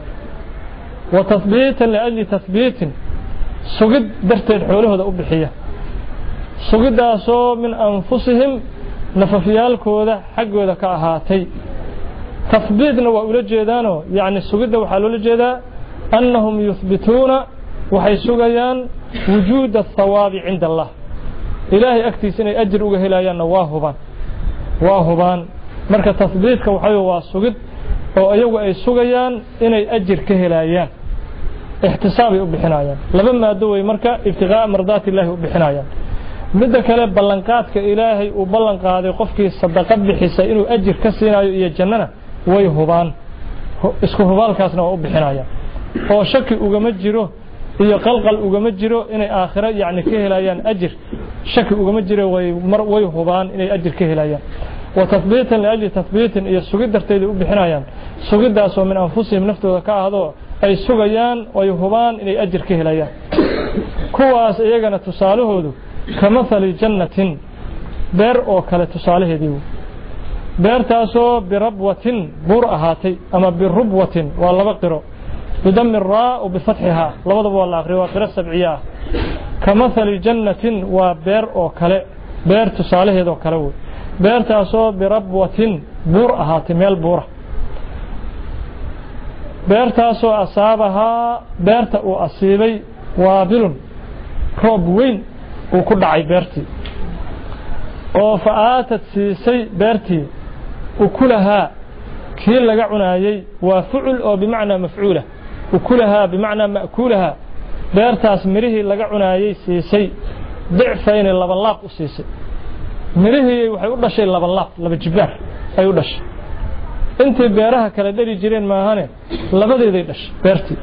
وتثبيتا لأجل تثبيت سجد درتي حوله هذا أبحية سجد أسو من أنفسهم نففيال كودا حق وذا كأهاتي تثبيتنا وأولاد جيدانو يعني سجد وحلول جيدا أنهم يثبتون waxay sugayaan wujuud الثواب عند الله إلهي أكتيس إني أجر وجهلايان واهبان واهبان مركز تثبيتك وحي واسجد أو أيوة أي سجيان إني أجر كهلايان احتسابي بحنايان لما دوي مركز ابتغاء مرضات الله بحنايان مدة كلام بلنقات كإلهي وبلنق هذا قفك الصدقات بحسا إنه أجر كسينا يجننا ويهبان اسكو هبال كاسنا وبحنايان هو شك وجمجره iyo qalqal ugama jiro inay aakhira yaani ka helayaan ajir shaki ugama jiro way mar way hubaan inay ajir ka helayaan wa tathbiitan li ajli tathbiitan iyo sugid darteed u bixinayaan sugidaas oo min anfusihim naftooda ka ahdo ay sugayaan way hubaan inay ajir ka helayaan kuwaas iyagana tusaalahoodu kama thali jannatin beer oo kale tusaalaheedii beertaasoo birabwatin bur ahaatay ama birubwatin waa laba qiro بدم الراء وبفتحها لبضب والله أخري وقرأ السبعية كمثل جنة وبير أو كلاء بير تصالح ذو كلاو بير تاسو بربوة بور أهاتميل بورة بير تاسو أصابها بير تأو أصيبي وابل روب وين وكل عي بيرتي وفآتت سيسي بيرتي وكلها كيل لقعنا يي وفعل أو بمعنى مفعولة وكلها بمعنى مأكولها بيرتاس مريه لقعنا يي سيسي ضعفين اللبلاق سيسي mirihii waxay u dhashay laba laab laba jibaar ay u dhashay intii beeraha kala dhari jireen maahane labadeeday dhashay beertii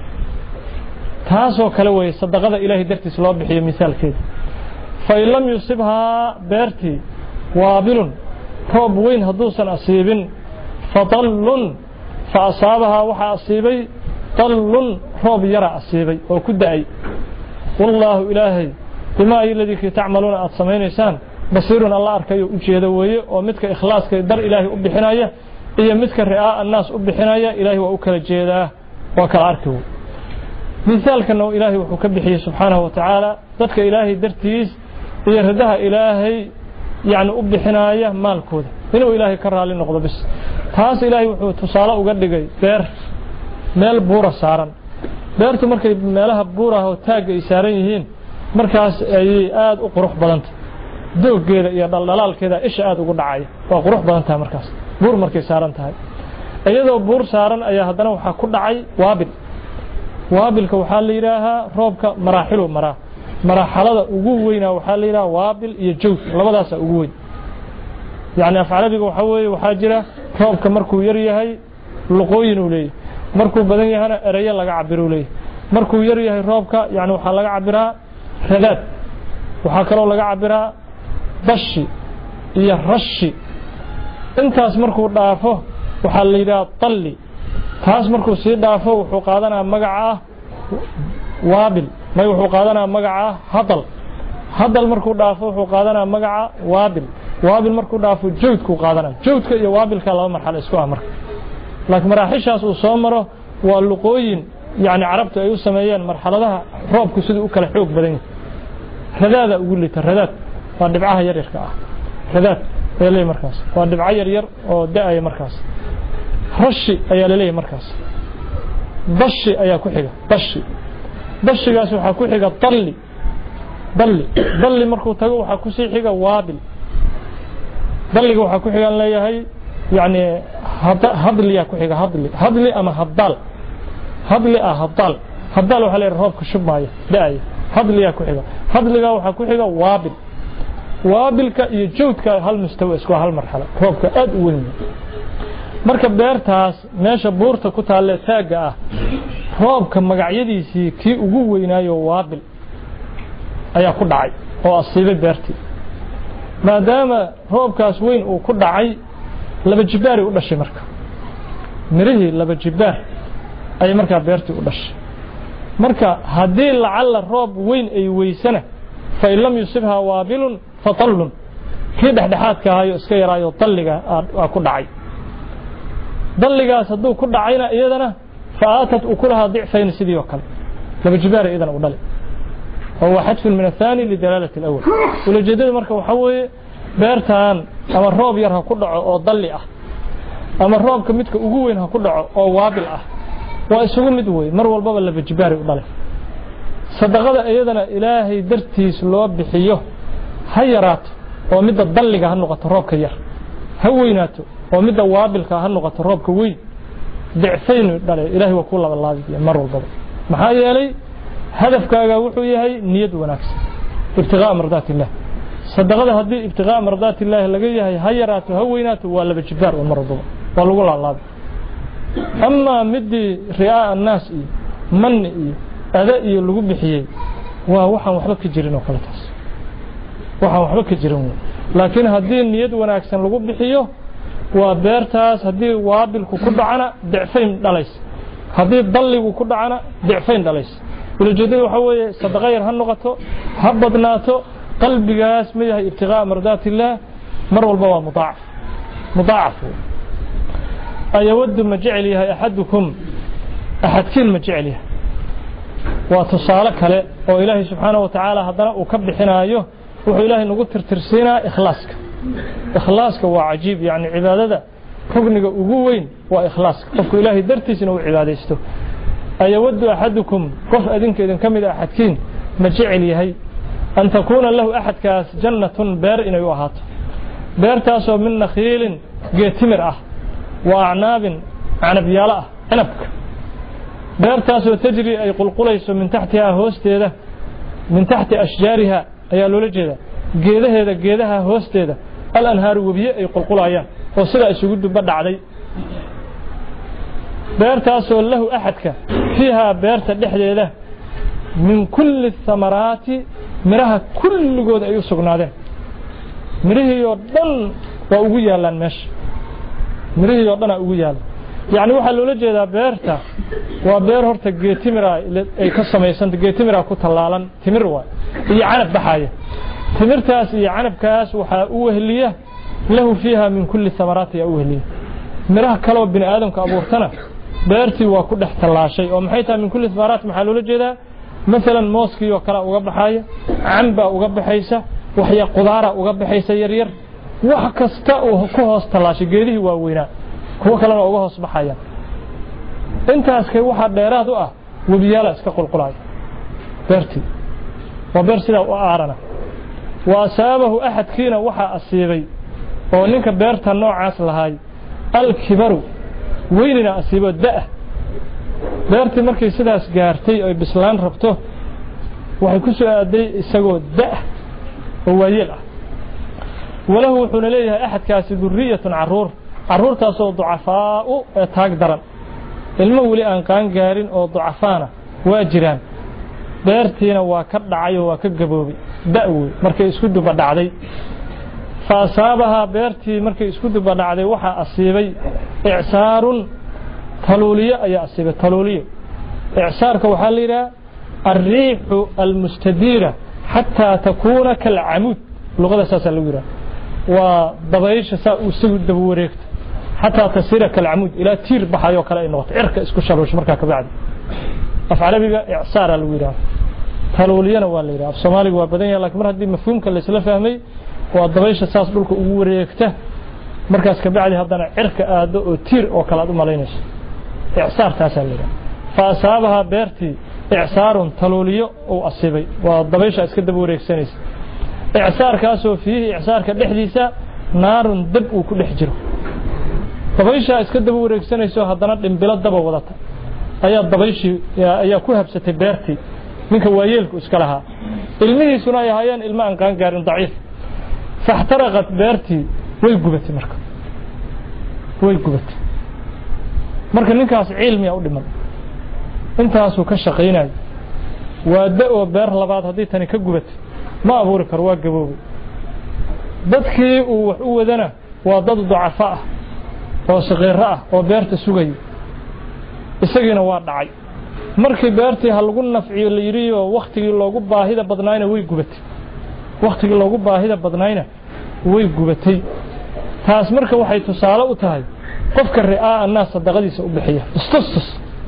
taasoo kale way sadaqada ilaahay dartiis loo bixiyo misaalkeeda fa in lam yusibha beertii waabilun roob weyn hadduusan asiibin fadallun fa asaabaha waxa asiibay dallun roob yara asiibay oo ku da'ay wallaahu ilaahay bimaa iladii tacmaluuna aad samaynaysaan basiirun alla arkayo u jeeda weeye oo midka ikhlaaska dar ilaahay u bixinaya iyo midka ri'aa annaas u bixinaya ilaahay waa u kala jeedaa waa kala arki wey misaalkana ilaahay wuxuu ka bixiyey subxaanahu wa tacaala dadka ilaahay dartiis iyo radaha ilaahay yani u bixinaya maalkooda inuu ilaahay ka raali noqdo bis taas ilaahay wuxuu tusaale uga dhigay beer meel buura saaran beertu markay meelaha buuraha oo taagga ay saaran yihiin markaas ayay aad u qurux badanta dooggeeda iyo dhaldhalaalkeeda isha aad ugu dhacaya waa qurux badan tahay markaas buur markay saaran tahay iyadoo buur saaran ayaa haddana waxaa ku dhacay waabil waabilka waxaa la yidhaahaa roobka maraaxilu maraa maraaxalada ugu weynaa waxaa la yidhaha waabil iyo jawd labadaasaa ugu weyn yacni af carabiga waxaa weeye waxaa jira roobka markuu yar yahay luqooyin uu leeyahy markuu badan yahana ereyo laga cabiruu leeyahy markuu yar yahay roobka yani waxaa laga cabiraa radaad waxaa kaloo laga cabiraa bashi iyo rashi intaas markuu dhaafo waxaa la yidhaha dalli taas markuu sii dhaafo wuxuu qaadanaa magaca waabil may wuxuu qaadanaa magaca hadal hadal markuu dhaafo wuxuu qaadanaa magaca waabil waabil markuu dhaafo jawdkuu qaadanaa jawdka iyo waabilka laba marxalo isku ah marka laakiin maraaxishaas uu soo maro waa luqooyin yani carabtu ay u sameeyeen marxaladaha roobku siduu u kala xoog badan yahay radaada ugu lita radaad waa dhibcaha yaryarka ah radaad ayaa leeyahay markaas waa dhibco yaryar oo da'aya markaas rashi ayaa leeyahay markaas bashi ayaa ku xiga bashi bashigaas waxaa ku xiga dalli dalli dalli markuu tago waxaa ku sii xiga waabil dalliga waxaa ku xigan leeyahay yani hadliyaa ku xiga hadli hadli ama haddaal hadli ah haddaal haddaal waxaa leeyahay roobka shubmaya da'aya hadliyaa ku xiga hadligaa waxaa ku xiga waabil waabilka iyo jawdka hal mustawa isku hal marxalo roobka aad u weyn marka beertaas meesha buurta ku taale taagga ah roobka magacyadiisii kii ugu weynaayo waabil ayaa ku dhacay oo asiibay beertii maadaama roobkaas weyn uu ku dhacay laba jibaar u dhashay marka mirihii laba jibaar ay markaa beertii u dhashay marka haddii lacalla roob weyn ay weysana fa in lam yusibha waabilun fatallun kii dhexdhexaadka ahayo iska yaraayo dalliga aa ku dhacay dalligaas hadduu ku dhacayna iyadana faatat ukulahaa dicfayn sidii oo kale laba jibaara iyadana u dhali oo waa xadfun min athani lidalaalati alawal ulajeedada marka waxaa weeye beertan ama roob yar ha ku dhaco oo dalli ah ama roobka midka ugu weyn ha ku dhaco oo waabil ah waa isugu mid wey mar walbaba laba jibaari u dhalay sadaqada iyadana ilaahay dartiis loo bixiyo ha yaraato oo midda dalliga ha noqoto roobka yar ha weynaato oo midda waabilka ha noqoto roobka weyn dicfayn dhalay ilaahay waa ku laba laabiya mar walbaba maxaa yeelay hadafkaaga wuxuu yahay niyad wanaagsan ibtigaa mardaati illah sadaqada haddii ibtigaa mardaati illah laga yahay ha yaraato ha weynaato waa laba jibaar oo mar walbaba waa lagu laalaabi ama midii ri'aa annaas iyo manni iyo ada iyo lagu bixiyey waa waxaan waxba ka jirin oo kale taas waxaan waxba ka jirin laakiin haddii niyad wanaagsan lagu bixiyo waa beertaas haddii waabilku ku dhacana dicfayn dhalays haddii dalligu ku dhacana dicfayn dhalays ulajeedada waxaa weeye sadaqa yar ha noqoto ha badnaato qalbigaas ma yahay ibtigaa mardaati illaah mar walba waa mudaacaf mudaacaf ayawaddu ma jecel yahay axadukum axadkiin ma jecel yahay waa tusaale kale oo ilaahay subxaanahu wa tacaala haddana uu ka bixinaayo wuxuu ilaahay nagu tirtirsiinaa ikhlaaska ikhlaaska waa cajiib yani cibaadada rugniga ugu weyn waa ikhlaaska qofku ilaahay dartiisna uu cibaadaysto ayawaddu axadukum qof adinka idin ka mid a axadkiin ma jecel yahay an takuuna lahu axadkaas jannatun beer inay u ahaato beertaasoo min nakhiilin geetimir ah wa acnaabin canabyaalo ah cinabka beertaasoo tajri ay qulqulayso min taxtihaa hoosteeda min taxti ashjaariha ayaa loola jeedaa geedaheeda geedaha hoosteeda الأنهار وبيئة يقول قلايا وصلا يسجد بدعلي بيرتا سول له أحدك فيها بيرتا دحديده من كل الثمرات مرها كل جود أي سجناده مره يودن وأوجي لان مش مره يودن أوجي يعني واحد لولا جدا بيرتا وبير هرت جيتمرا أي قسم يسند جيتمرا كتلالن تمروا يعنب بحاجة تمرتاس يعنب كاس وحأوهلية له فيها من كل الثمرات يأوهلية مرها كلو بن آدم كأبورتنا بيرتي وكل احتلا شيء ومحيتها من كل الثمرات محلولة جدا مثلا موسكي وكلا وقبل حاجة عنبة وقبل حيسة وحيا قدارة وقبل حيسة يرير وحكستا وكوهس تلاشي قيده ووينا هو كلا وقوهس بحاجة انت اسكي واحد ديراد اه وبيالا اسكي قلقلاي بيرتي وبيرسي له أعرنا وأصابه أحد كينا وحا أصيبي وننك بيرتا النوع عاصل هاي الكبر ويننا أصيبه الدأة بيرتي مركي سداس قارتي أو بسلان ربطه وحي كسو أدي إساقو الدأة هو يلع وله حون ليها أحد كاسي ذرية عرور عرور تاسو ضعفاء تاقدرا المولي أنقان قارين أو ضعفانا واجران beertiina waa ka dhacay oo waa ka gaboobay da'wi markay isku duba dhacday faasabaha beertii markay isku duba dhacday waxa asiibay i'saarun taluliya ayaa asiibay taluliya i'saarka waxa la yiraahdaa الريح المستديرة حتى تكون كالعمود لغة أساسا لو يراها وضبايش ساء وسود دبوريكت حتى تصير كالعمود إلى تير بحايو كلا النقط عرك اسكو شروش مركا كبعد أفعل بيبقى إعصار الويرا تلولينا ولا يرا في الصومالي وبدنيا لكن مرة دي مفهوم كلا سلا فهمي وضبايش أساس بلك وريكته مركز كبعد هذا عرك أدو تير أو كلا دو مالينش إعصار تاسع ليرا فأصابها بيرتي إعصار تلوليو أو أصيبي وضبايش أسكت بوريك سنيس إعصار كاسو فيه إعصار كدحديسا نار دب وكل حجره ضبايش أسكت بوريك سنيس هذا بلاد دب وضعته أيا ضبايش أيا كوهب ستبيرتي منك وايلك اسكلها المي سنايا هيان الماء كان قارن ضعيف فاحترقت بيرتي way gubatay marka way gubatay marka ninkaas cilmi u dhiman intaas uu ka shaqeynay waa da'o beer labaad hadii tani ka gubatay ma abuuri kar waa gaboobay dadkii uu wax u wadana waa dad ducafa ah oo saqiir ah oo beerta sugay isagina waa dhacay markii beertii hal lagu nafciyo la yiriyo waqtigii loogu baahida badnaayna way gubatay waqtigii loogu baahida badnaayna way gubatay taas marka waxay tusaale u tahay qofka ri'aa annaas sadaqadiisa u bixiya istustus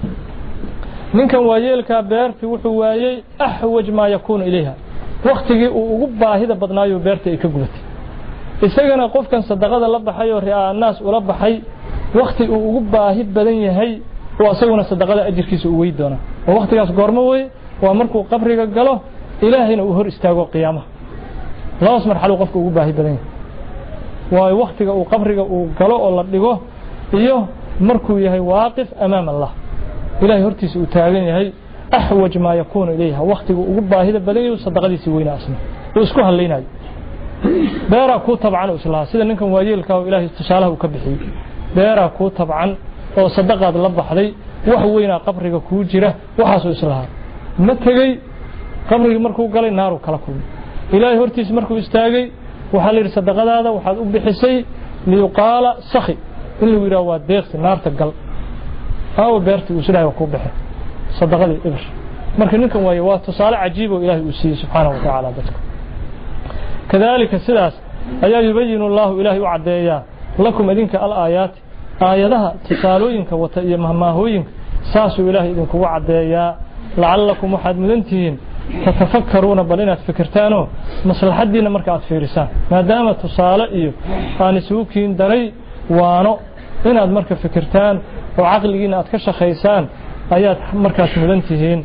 ninkan waayeelka beertii wuxuu waayay ahwaj ma yakun ilayha waqtigii uu ugu baahida badnaayo beertii ay ka gubatay isagana qofkan sadaqada la baxay oo ri'aa annaas ula baxay waqti uu ugu baahi badan yahay oo asaguna sadaqada ajirkiisa u weey doona oo waqtigaas goormo way waa markuu qabriga galo ilaahina uu hor istaago qiyaamaha laas marxalo qofka ugu baahi badan yahay waa waqtiga uu qabriga uu galo oo la dhigo iyo markuu yahay waaqif amaam Allah ilaahay hortiisa uu taagan yahay ahwaj ma yakun ilayha waqtiga ugu baahida badan yahay sadaqadiisa weyna asna uu isku haleynay beera ku tabcan islaa sida ninkan waayeelka oo ilaahay tusaalaha uu ka bixiyay beera ku tabcan oo sadaqad la baxday wax weyna qabriga ku jira waxaas uu islaa ma tagay qabriga markuu galay naaru kala kulmay ilaahay hortiisa markuu istaagay waxa la yiri sadaqadaada waxaad u bixisay liyqaala sakhi in lagu yiraahdo waa deeqsi naarta gal aw beerti uu sidaa ku bixin sadaqadii ibr marka ninkan way waa tusaale cajiib oo ilaahay uu siiyay subhanahu wa ta'ala dadka kadalika sidaas ayaa yubayinu allah ilaahay u cadeeyaa lakum idinka al aayat aayadaha tusaalooyinka wata iyo mahmaahooyinka saasuu ilaahay idinku cadeeyaa la'allakum waxaad mudantihiin تتفكرون بلنا فكرتانو مصلحتنا مركات فيرسان ما دام تصالح iyo aan isuukiin daray waano inaad marka fikirtaan oo aqligiina aad ka shaqeysaan ayaad markaas mudantihiin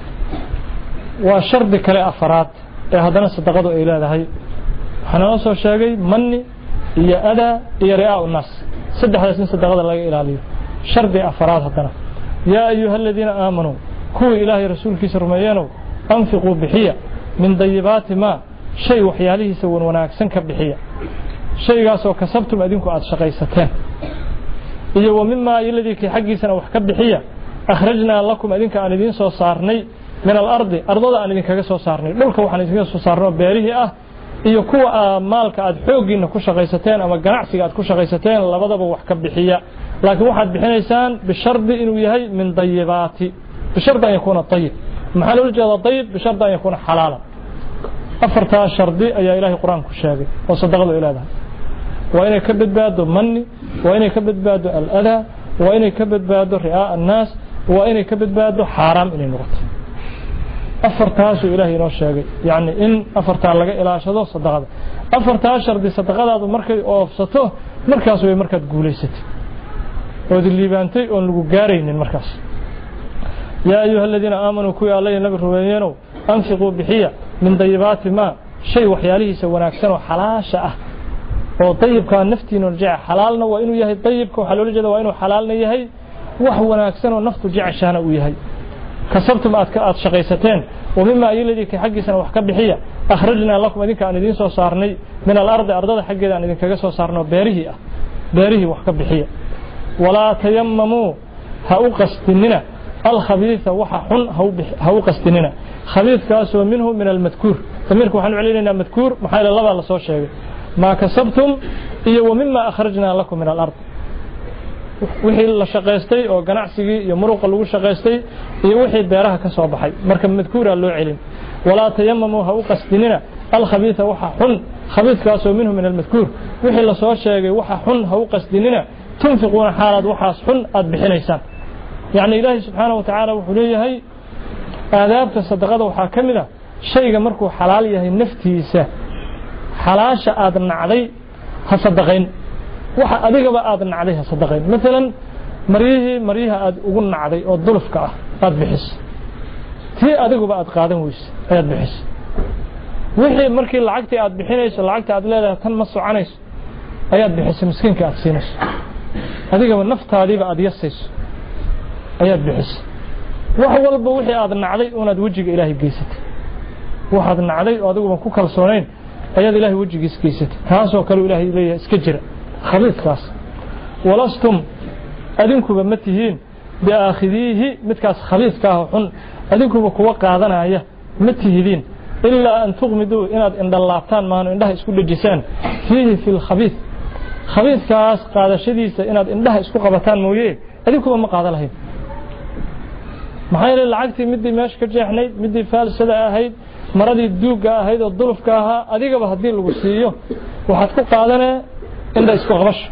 waa shardi kale afraad ee hadana sadaqadu ay leedahay waxaan soo sheegay manni iyo ada iyo ri'aa unas saddexdaas in sadaqada laga ilaaliyo shardi afraad hadana yaa ayyuhalladina aamanu kuwa ilaahay rasuulkiisa rumeeyeen أنفقوا بحية من ضيبات ما شيء وحياله سوون وناكسن كبحية شيء قاسو كسبتم أدينكم أد شقيستين إيه ومما الذي كي حقيسنا وحكب بحية أخرجنا لكم أدينك أن يدين سو صارني من الأرض أرضا أن يدين كسو صارني لولك وحن يدين سو صارني بيريه أه إيه كوا مالك أد حوجين كوش شقيستين أما جناعسي أد كوش شقيستين لبضب وحكب بحية لكن واحد بحنيسان بالشرط إنه يهي من طيباتي بشرط أن يكون طيب محل الجهة طيب بشرط أن يكون حلالا أفرتها الشرطي أي إلهي قرآن كشاقي وصدقوا إلى ذا وإن يكبد بعده مني وإن يكبد بعده الأذى وإن يكبد بعده رئاء الناس وإن يكبد بعده حرام إلى نقط أفرتها سو إلهي نوشاقي يعني إن أفرتها لقى إلى شذو صدقوا أفرتها الشرطي صدقوا هذا مركز أوفسته مركز ومركز قوليست ودي اللي بانتي ونلقوا قارين المركز يا أيها الذين آمنوا كوي الله النبي الربيانو أنفقوا بحية من طيبات ما شيء وحياله سوى أكثر حلاشة وطيب كان نفتي نرجع حلالنا وإنه يهي طيب كحلول جدا وإنه حلالنا يهي وهو أكثر ونفط جع شانا ويهي كسبتم أتكأت شقيستين ومما الذي كحق سنة وحكب بحية أخرجنا لكم أدينك أن يدين سو صارني من الأرض أرض حق أن يدين كجسو صارنا بيره بيره وحكب بحية ولا تيمموا هأوقستننا الخبيث وححن هأوقستننا خبيث كاسو منه من المذكور تميرك وحن علينا مذكور محايل الله على صوت شيء ما كسبتم إيه ومما أخرجنا لكم من الأرض وحي الله شقيستي أو جناعسي يمرق اللو شقيستي إيه وحي بيرها كسب حي مركب مذكور اللو علم ولا تيمموا هأوقستننا الخبيث وححن خبيث كاسو منه من المذكور وحي الله صوت شيء وححن هأوقستننا تنفقون حالات وحاس حن أذبحنيسان يعني إلهي سبحانه وتعالى وحليه هي آداب تصدقه وحاكمنا شيء مركو حلال يهي نفتيسه حلاشة آدن علي هصدقين وح أديك بقى آدن عليها صدقين مثلا مريه مريها آد أقولنا علي أو الظلف كأه آد بحس تي أديك بقى آد قادم ويس آد بحس وحي مركي العقتي آد بحينيس العقتي آد لا تنمصوا عنيس آد بحس مسكين كأد سينس أديك بقى النفط هذه بقى آد يسيس آد بحس وحول بوحي آدن علي وناد وجهك إلهي بقيست وحادن علي وأدوه من كوكال صونين أياد إلهي وجهك إسكيست تاسو كالو إلهي إليه إسكجر خليط كاس ولستم أدنكم بمتهين بآخذيه متكاس خليط كاهو أدنكم بكوا قادنا إياه متهدين إلا أن تغمدوا إناد إن اللابتان مانو إنده إسكو الجسان فيه في الخبيث خبيث كاس قادة شديسة إناد إنده إسكو قبطان مويه أدنكم بما قادة لهين maxay lacagtii midii meesh ka jeexnayd midii faalsada ahayd maradii duuga ahayd oo dulufka ahaa adigaba hadii lagu siiyo waxaad ku qaadanaa inda isku qabasho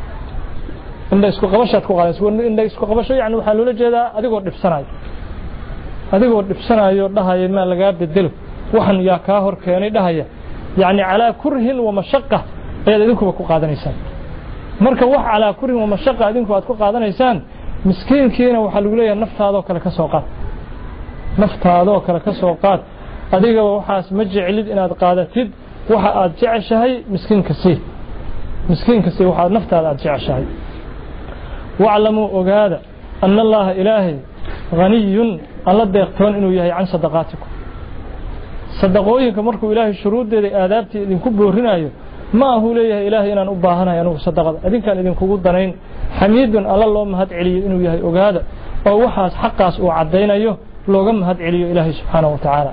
inda isku qabashaad ku qaadanayso inda isku qabasho yaani waxa loo jeedaa adigoo dhibsanayo adigoo dhibsanayo dhahayo ma laga bedelo waxan yaa ka hor keenay dhahaya yaani ala kurhin wa mashaqqa ay idinku ku qaadanaysaan marka wax ala kurhin wa mashaqqa idinku aad ku qaadanaysaan miskiinkiina waxa lagu leeyahay naftaada kale ka soo qaad naftaada kale ka soo qaad adiga waxaas ma jeclid inaad qaadatid waxa aad jeceshahay miskiinka si miskiinka si waxa naftaada aad jeceshahay wa'lamu ogaada anna allaha ilaahi ghaniyun alla deeqtoon inuu yahay can sadaqaatikum sadaqooyinka markuu ilaahi shuruudeeda aadaabtii idinku boorinayo ما هو ليه إلهي إن أنا أباهنا يعني صدق أدين كان إذن كوجود دنين حميد الله اللهم هاد علي إنه يهي أجهاد أو وحاس حقاس وعدينا يه لوجم هاد علي إلهي سبحانه وتعالى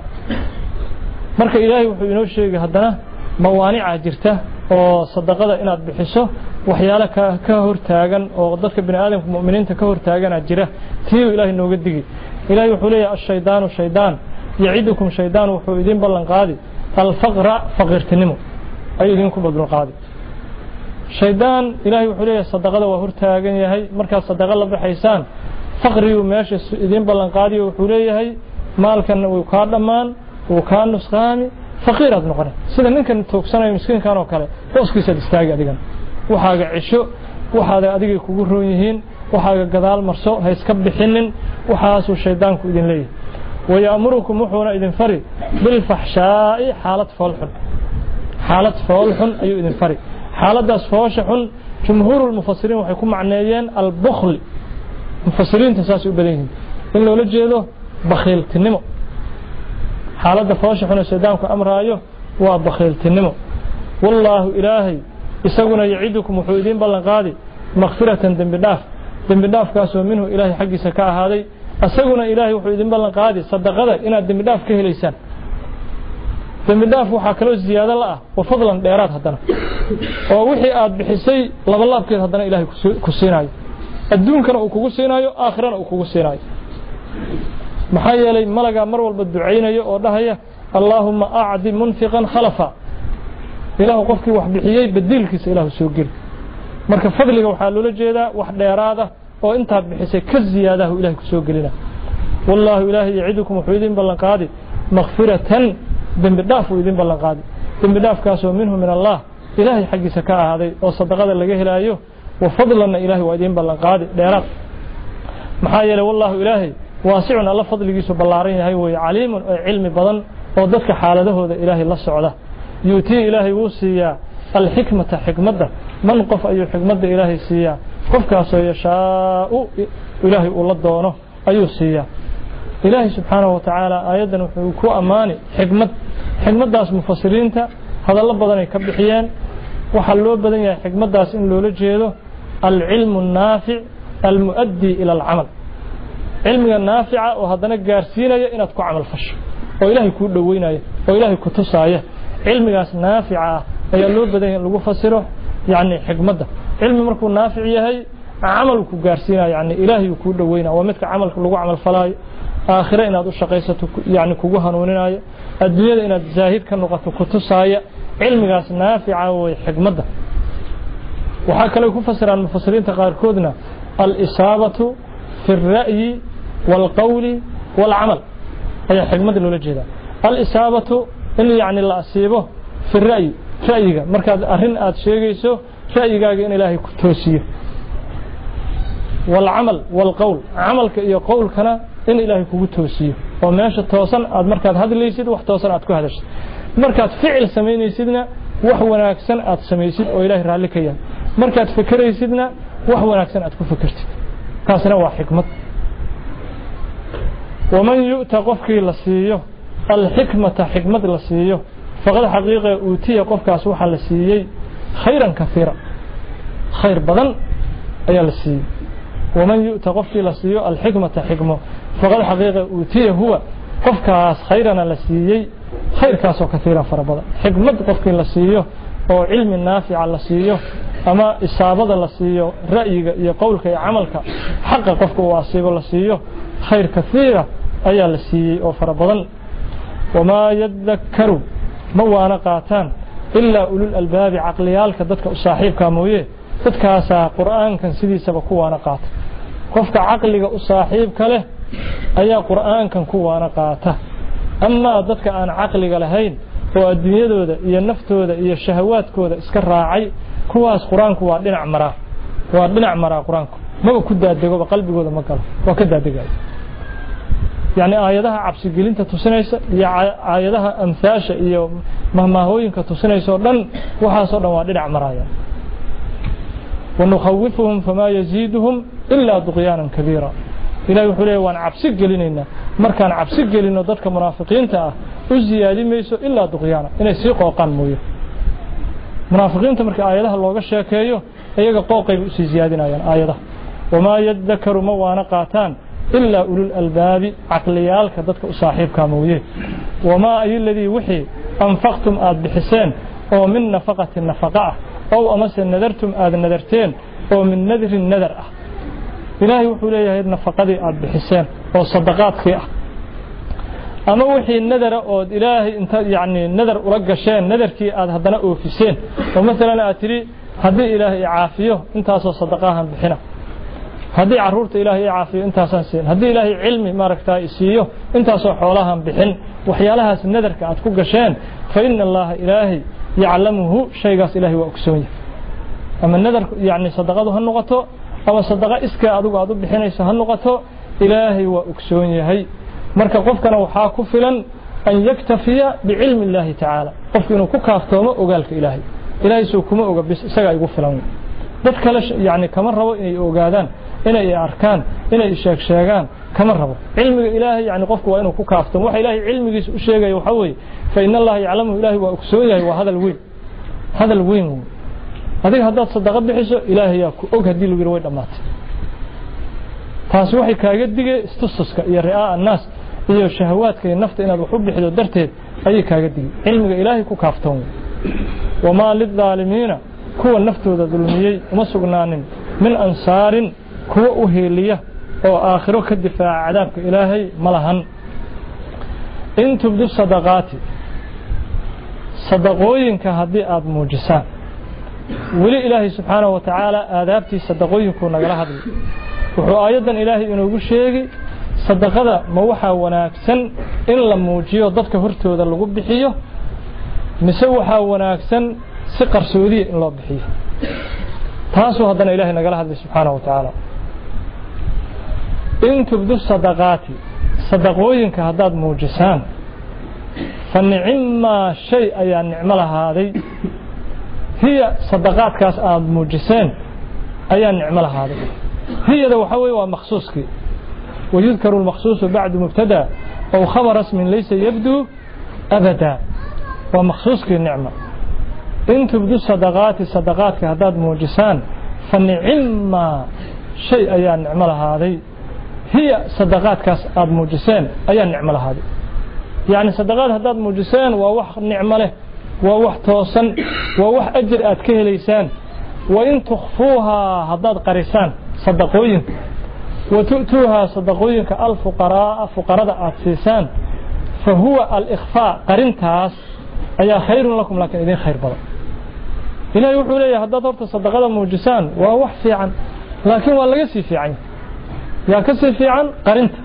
مرك إلهي وحينوش شيء هدنا موانع جرته أو صدقة إن بحسه وحيالك كهور تاجن أو ضدك بني آدم مؤمنين تكهور تاجن أجره تيو إلهي إنه قدقي إلهي وحولي الشيطان والشيطان يعيدكم شيطان وحويدين بلن قادي الفقر فقر تنمو أيدينكم بدون قاضي شيطان إلهي وحوليه الصدقة وهور تاجن يهي مركز الصدقة الله بحيسان فقري وماشي إذين بلن قاضي وحوليه هي مال كان وكان مان وكان نسخامي فقير هذا نقرأ سيدا نكن توكسنا مسكين كانوا كله وسكي سدستاج أديكن وحاجة عشو وحاجة أديك كوجرويهين وحاجة جدال مرسو هيسكب حنن وحاسو الشيطان كودين ليه ويأمركم وحونا إذن فري بالفحشاء حالة فالحن حالة فالحن أيو إذن فري حالة داس فوشحن جمهور المفسرين وحيكون معنيين البخل مفسرين تساسوا بديهم إن لو لجيده بخيل تنمو حالة فوشحن الشيطان كأمر أيوه وبخيل تنمو والله إلهي isaguna yacidukum wuxuu idin ballan qaadi maghfiratan dambi dhaaf dambi dhaafkaasoo minhu ilaahay xaggiisa ka ahaaday isaguna ilaahay wuxuu idin ballan qaadi sadaqada inaad dambi dhaaf ka helaysaan dambi dhaaf waxaa kaloo ziyaado la ah wa fadlan dheeraad haddana oo wixii aad bixisay laba laabkeed haddana ilaahay ku siinayo adduunkana uu kugu siinayo aakhirana uu kugu siinayo maxaa yeelay malaga mar walba ducaynayo oo dhahaya allaahumma acdi munfiqan khalafa ilaahu qofkii wax bixiyey badiilkiisa ilaahu soo geli marka fadliga waxaa loola jeedaa wax dheeraada oo intaad bixisay ka ziyaadahu ilaahay ku soo gelina wallaahu ilaahay yacidukum wuxuu idin ballan qaadi maghfiratan dambi dhaaf uu idin ballan qaadi dambi dhaafkaasoo minhu min allah ilaahay xaggiisa ka ahaaday oo sadaqada laga helaayo wa fadlanna ilaahay waa idin ballan qaadi dheeraad maxaa yeelay wallaahu ilaahay waasicun alla fadligiisu ballaaran yahay weeye caliimun oo cilmi badan oo dadka xaaladahooda ilaahay la socda yuutii ilaahay wuu siiyaa alxikmata xikmadda man qof ayuu xikmadda ilaahay siiyaa qofkaasoo yashaau ilaahay uu la doono ayuu siiyaa ilaahay subxaanahu watacaala aayaddan wuxuu ku ammaani xikmad xikmaddaas mufasiriinta hadallo badanay ka bixiyeen waxaa loo badan yahay xikmaddaas in loola jeedo alcilmu annaafic almu'addii ila alcamal cilmiga naafica oo haddana gaarsiinaya inaad ku camal fasho oo ilaahay kuu dhoweynayo oo ilaahay ku tusaaya cilmigaas naafica ah ayaa loo badan yahay in lagu fasiro yacni xikmadda cilmi markuu naafic yahay camal ku gaarsiinayo yacni ilaahay kuu dhoweynayo waa midka camalka lagu camal falaayo aakhire inaad u shaqaysato yacni kugu hanuuninayo adduunyada inaad zaahid ka noqoto ku tusaaya cilmigaas naafica way xikmadda waxaa kale ku fasiraan mufasiriinta qaarkoodna al-isaabatu fi ar-ra'yi wal-qawli wal-amal ayaa xikmadda loola jeedaa al-isaabatu in yacni la asiibo fi ar-ra'yi ra'yiga markaad arrin aad sheegayso ra'yigaaga in ilaahay ku toosiyo wal-amal wal-qawl camalka iyo qowlkana in ilaahay kugu toosiyo oo meesha toosan aad markaad hadlaysid wax toosan aad ku hadashid markaad ficil samaynaysidna wax wanaagsan aad samaysid oo ilaahay raalli ka yahay markaad fikiraysidna wax wanaagsan aad ku fikirtid taasna waa xikmad waman yu'ta qofkii la siiyo alxikmata xikmad la siiyo faqad xaqiiqa uutiya qofkaas waxaa la siiyey khayran kafiira khayr badan ayaa la siiyey waman yu'ta qofkii la siiyo alxikmata xikmo faqad xaqiiqa uutiya huwa qofkaas khayrana la siiyey khayrkaasoo kafiiran fara badan xikmad qofkii la siiyo oo cilmi naafica la siiyo ama isaabada la siiyo ra'yiga iyo qowlka iyo camalka xaqa qofka uu asiibo la siiyo khayr kafiira ayaa la siiyey oo fara badan wamaa yadakkaru ma waana qaataan ilaa ulul albaabi caqliyaalka dadka u saaxiibkaa mooye dadkaasaa qur'aankan sidiisaba ku waana qaata qofka caqliga u saaxiibka leh ayaa qur'aankan ku waana qaata amaa dadka aan caqliga lahayn oo adduunyadooda iyo naftooda iyo shahawaadkooda iska raacay kuwaas qur-aanku waa dhinac maraa waa dhinac maraa qur-aanku maba ku daadegoba qalbigooda ma galo waa ka daadegaya yacni aayadaha cabsigelinta tusinaysa iyo aayadaha amhaasha iyo mahmaahooyinka tusinaysa oo dhan waxaasoo dhan waa dhinac maraaya ونخوفهم فما يزيدهم إلا طغيانا كبيرا إلهي وحو ليه وان عبسي قلينينا مركان عبسي قلينو ضدك منافقين تاه وزيادي ميسو إلا طغيانا إنه سيقو قان مويه منافقين تمرك آياتها اللوغة الشاكيو أيها قوقي بأسي زيادنا يعني آياتها وما يذكر موانا قاتان إلا أولو الألباب عقليالك ضدك أصاحب كامويه وما أي الذي وحي أنفقتم آد بحسين أو من نفقة النفقاء أو أمس نذرتم آد نذرتين أو من نذر النذر إلهي وحو ليه النفقة آد بحسين أو صدقات خيئة أما وحي النذر أو إلهي انت يعني نذر أرقى شيء نذر كي آد هدنا أوفيسين ومثلا أتري هدي إلهي عافيه انت أصلا صدقاها بحنا هدي عرورت إلهي عافيه انت أساسين هدي إلهي علمي ما ركتا إسيه انت أصلا حولها بحن وحيالها النذر كآد كوغا شيء فإن الله إلهي يعلمه شيء قاس إلهي وأكسوني أما النذر يعني صدقاته هالنغطو أما صدقاء إسكا أدوك أدوك بحنيس هالنغطو إلهي وأكسوني هاي مركا قفكنا وحاكو فلن أن يكتفي بعلم الله تعالى قفكنا كوكافتوما وقالك إلهي إلهي سوكما وقبس سقا يقول فلان dadka la yani kama rabo inay ogaadaan inay arkaan inay sheeg sheegaan kama rabo cilmiga ilaahay yani qofku waa inuu ku kaafto waxa ilaahay cilmigiisa u sheegayo waxa weey fa inna allaha ya'lamu ilaahi wa ogsoon yahay waa hadal weyn hadal weyn هذه هذا صدقة بحسه إلهي ياكو أوك هدي له يروي دمات taasi waxay kaaga digay istususka iyo riyaa annaas iyo shahawaadka iyo nafta inaad wax u bixido darteed ayay kaaga digay cilmiga ilaahay ku kaaftoon wama lidaalimiina kuwa naftooda dulmiyay uma sugnaanin min ansaarin kuwa u heeliya oo aakhiro ka difaaca cadaabka ilaahay malahan in tubdu sadaqaati sadaqooyinka haddii aad muujisaan weli ilaahay subxaanahu wa tacaala aadaabtii sadaqooyinku nagala hadlay wuxuu aayadan ilaahay inoogu sheegay sadaqada ma waxaa wanaagsan in la muujiyo dadka hortooda lagu bixiyo mise waxaa wanaagsan si qarsoodiya in loo bixiyo taasoo haddana ilaahay nagala hadlay subxaanahu wa tacaala in tubdu sadaqaati sadaqooyinka haddaad muujisaan fa nicimmaa shay ayaa nicmo lahaaday hiya sadaqaadkaas aad muujiseen ayaa nicmo lahaaday هي ذا وحوي ومخصوصك ويذكر المخصوص بعد مبتدا أو خبر اسم ليس يبدو أبدا ومخصوصك النعمة إن تبدو الصدقات الصدقات كهداد موجسان فالنعم شيء أي نعمة هذه هي صدقات كهداد موجسان أي نعمة هذه يعني صدقات هداد موجسان ووح نعمة له ووح توصن ووح أجر أتكه ليسان وإن تخفوها هداد قريسان صدقوين وتؤتوها صدقوين كالفقراء فقراء أتسيسان فهو الإخفاء قرنتاس أي خير لكم لكن إذن خير بلا إلا يوحوا لي هذا دورت صدقاء موجسان ووح في عن لكن ولا يسي في عن يا كسي في عن قرنت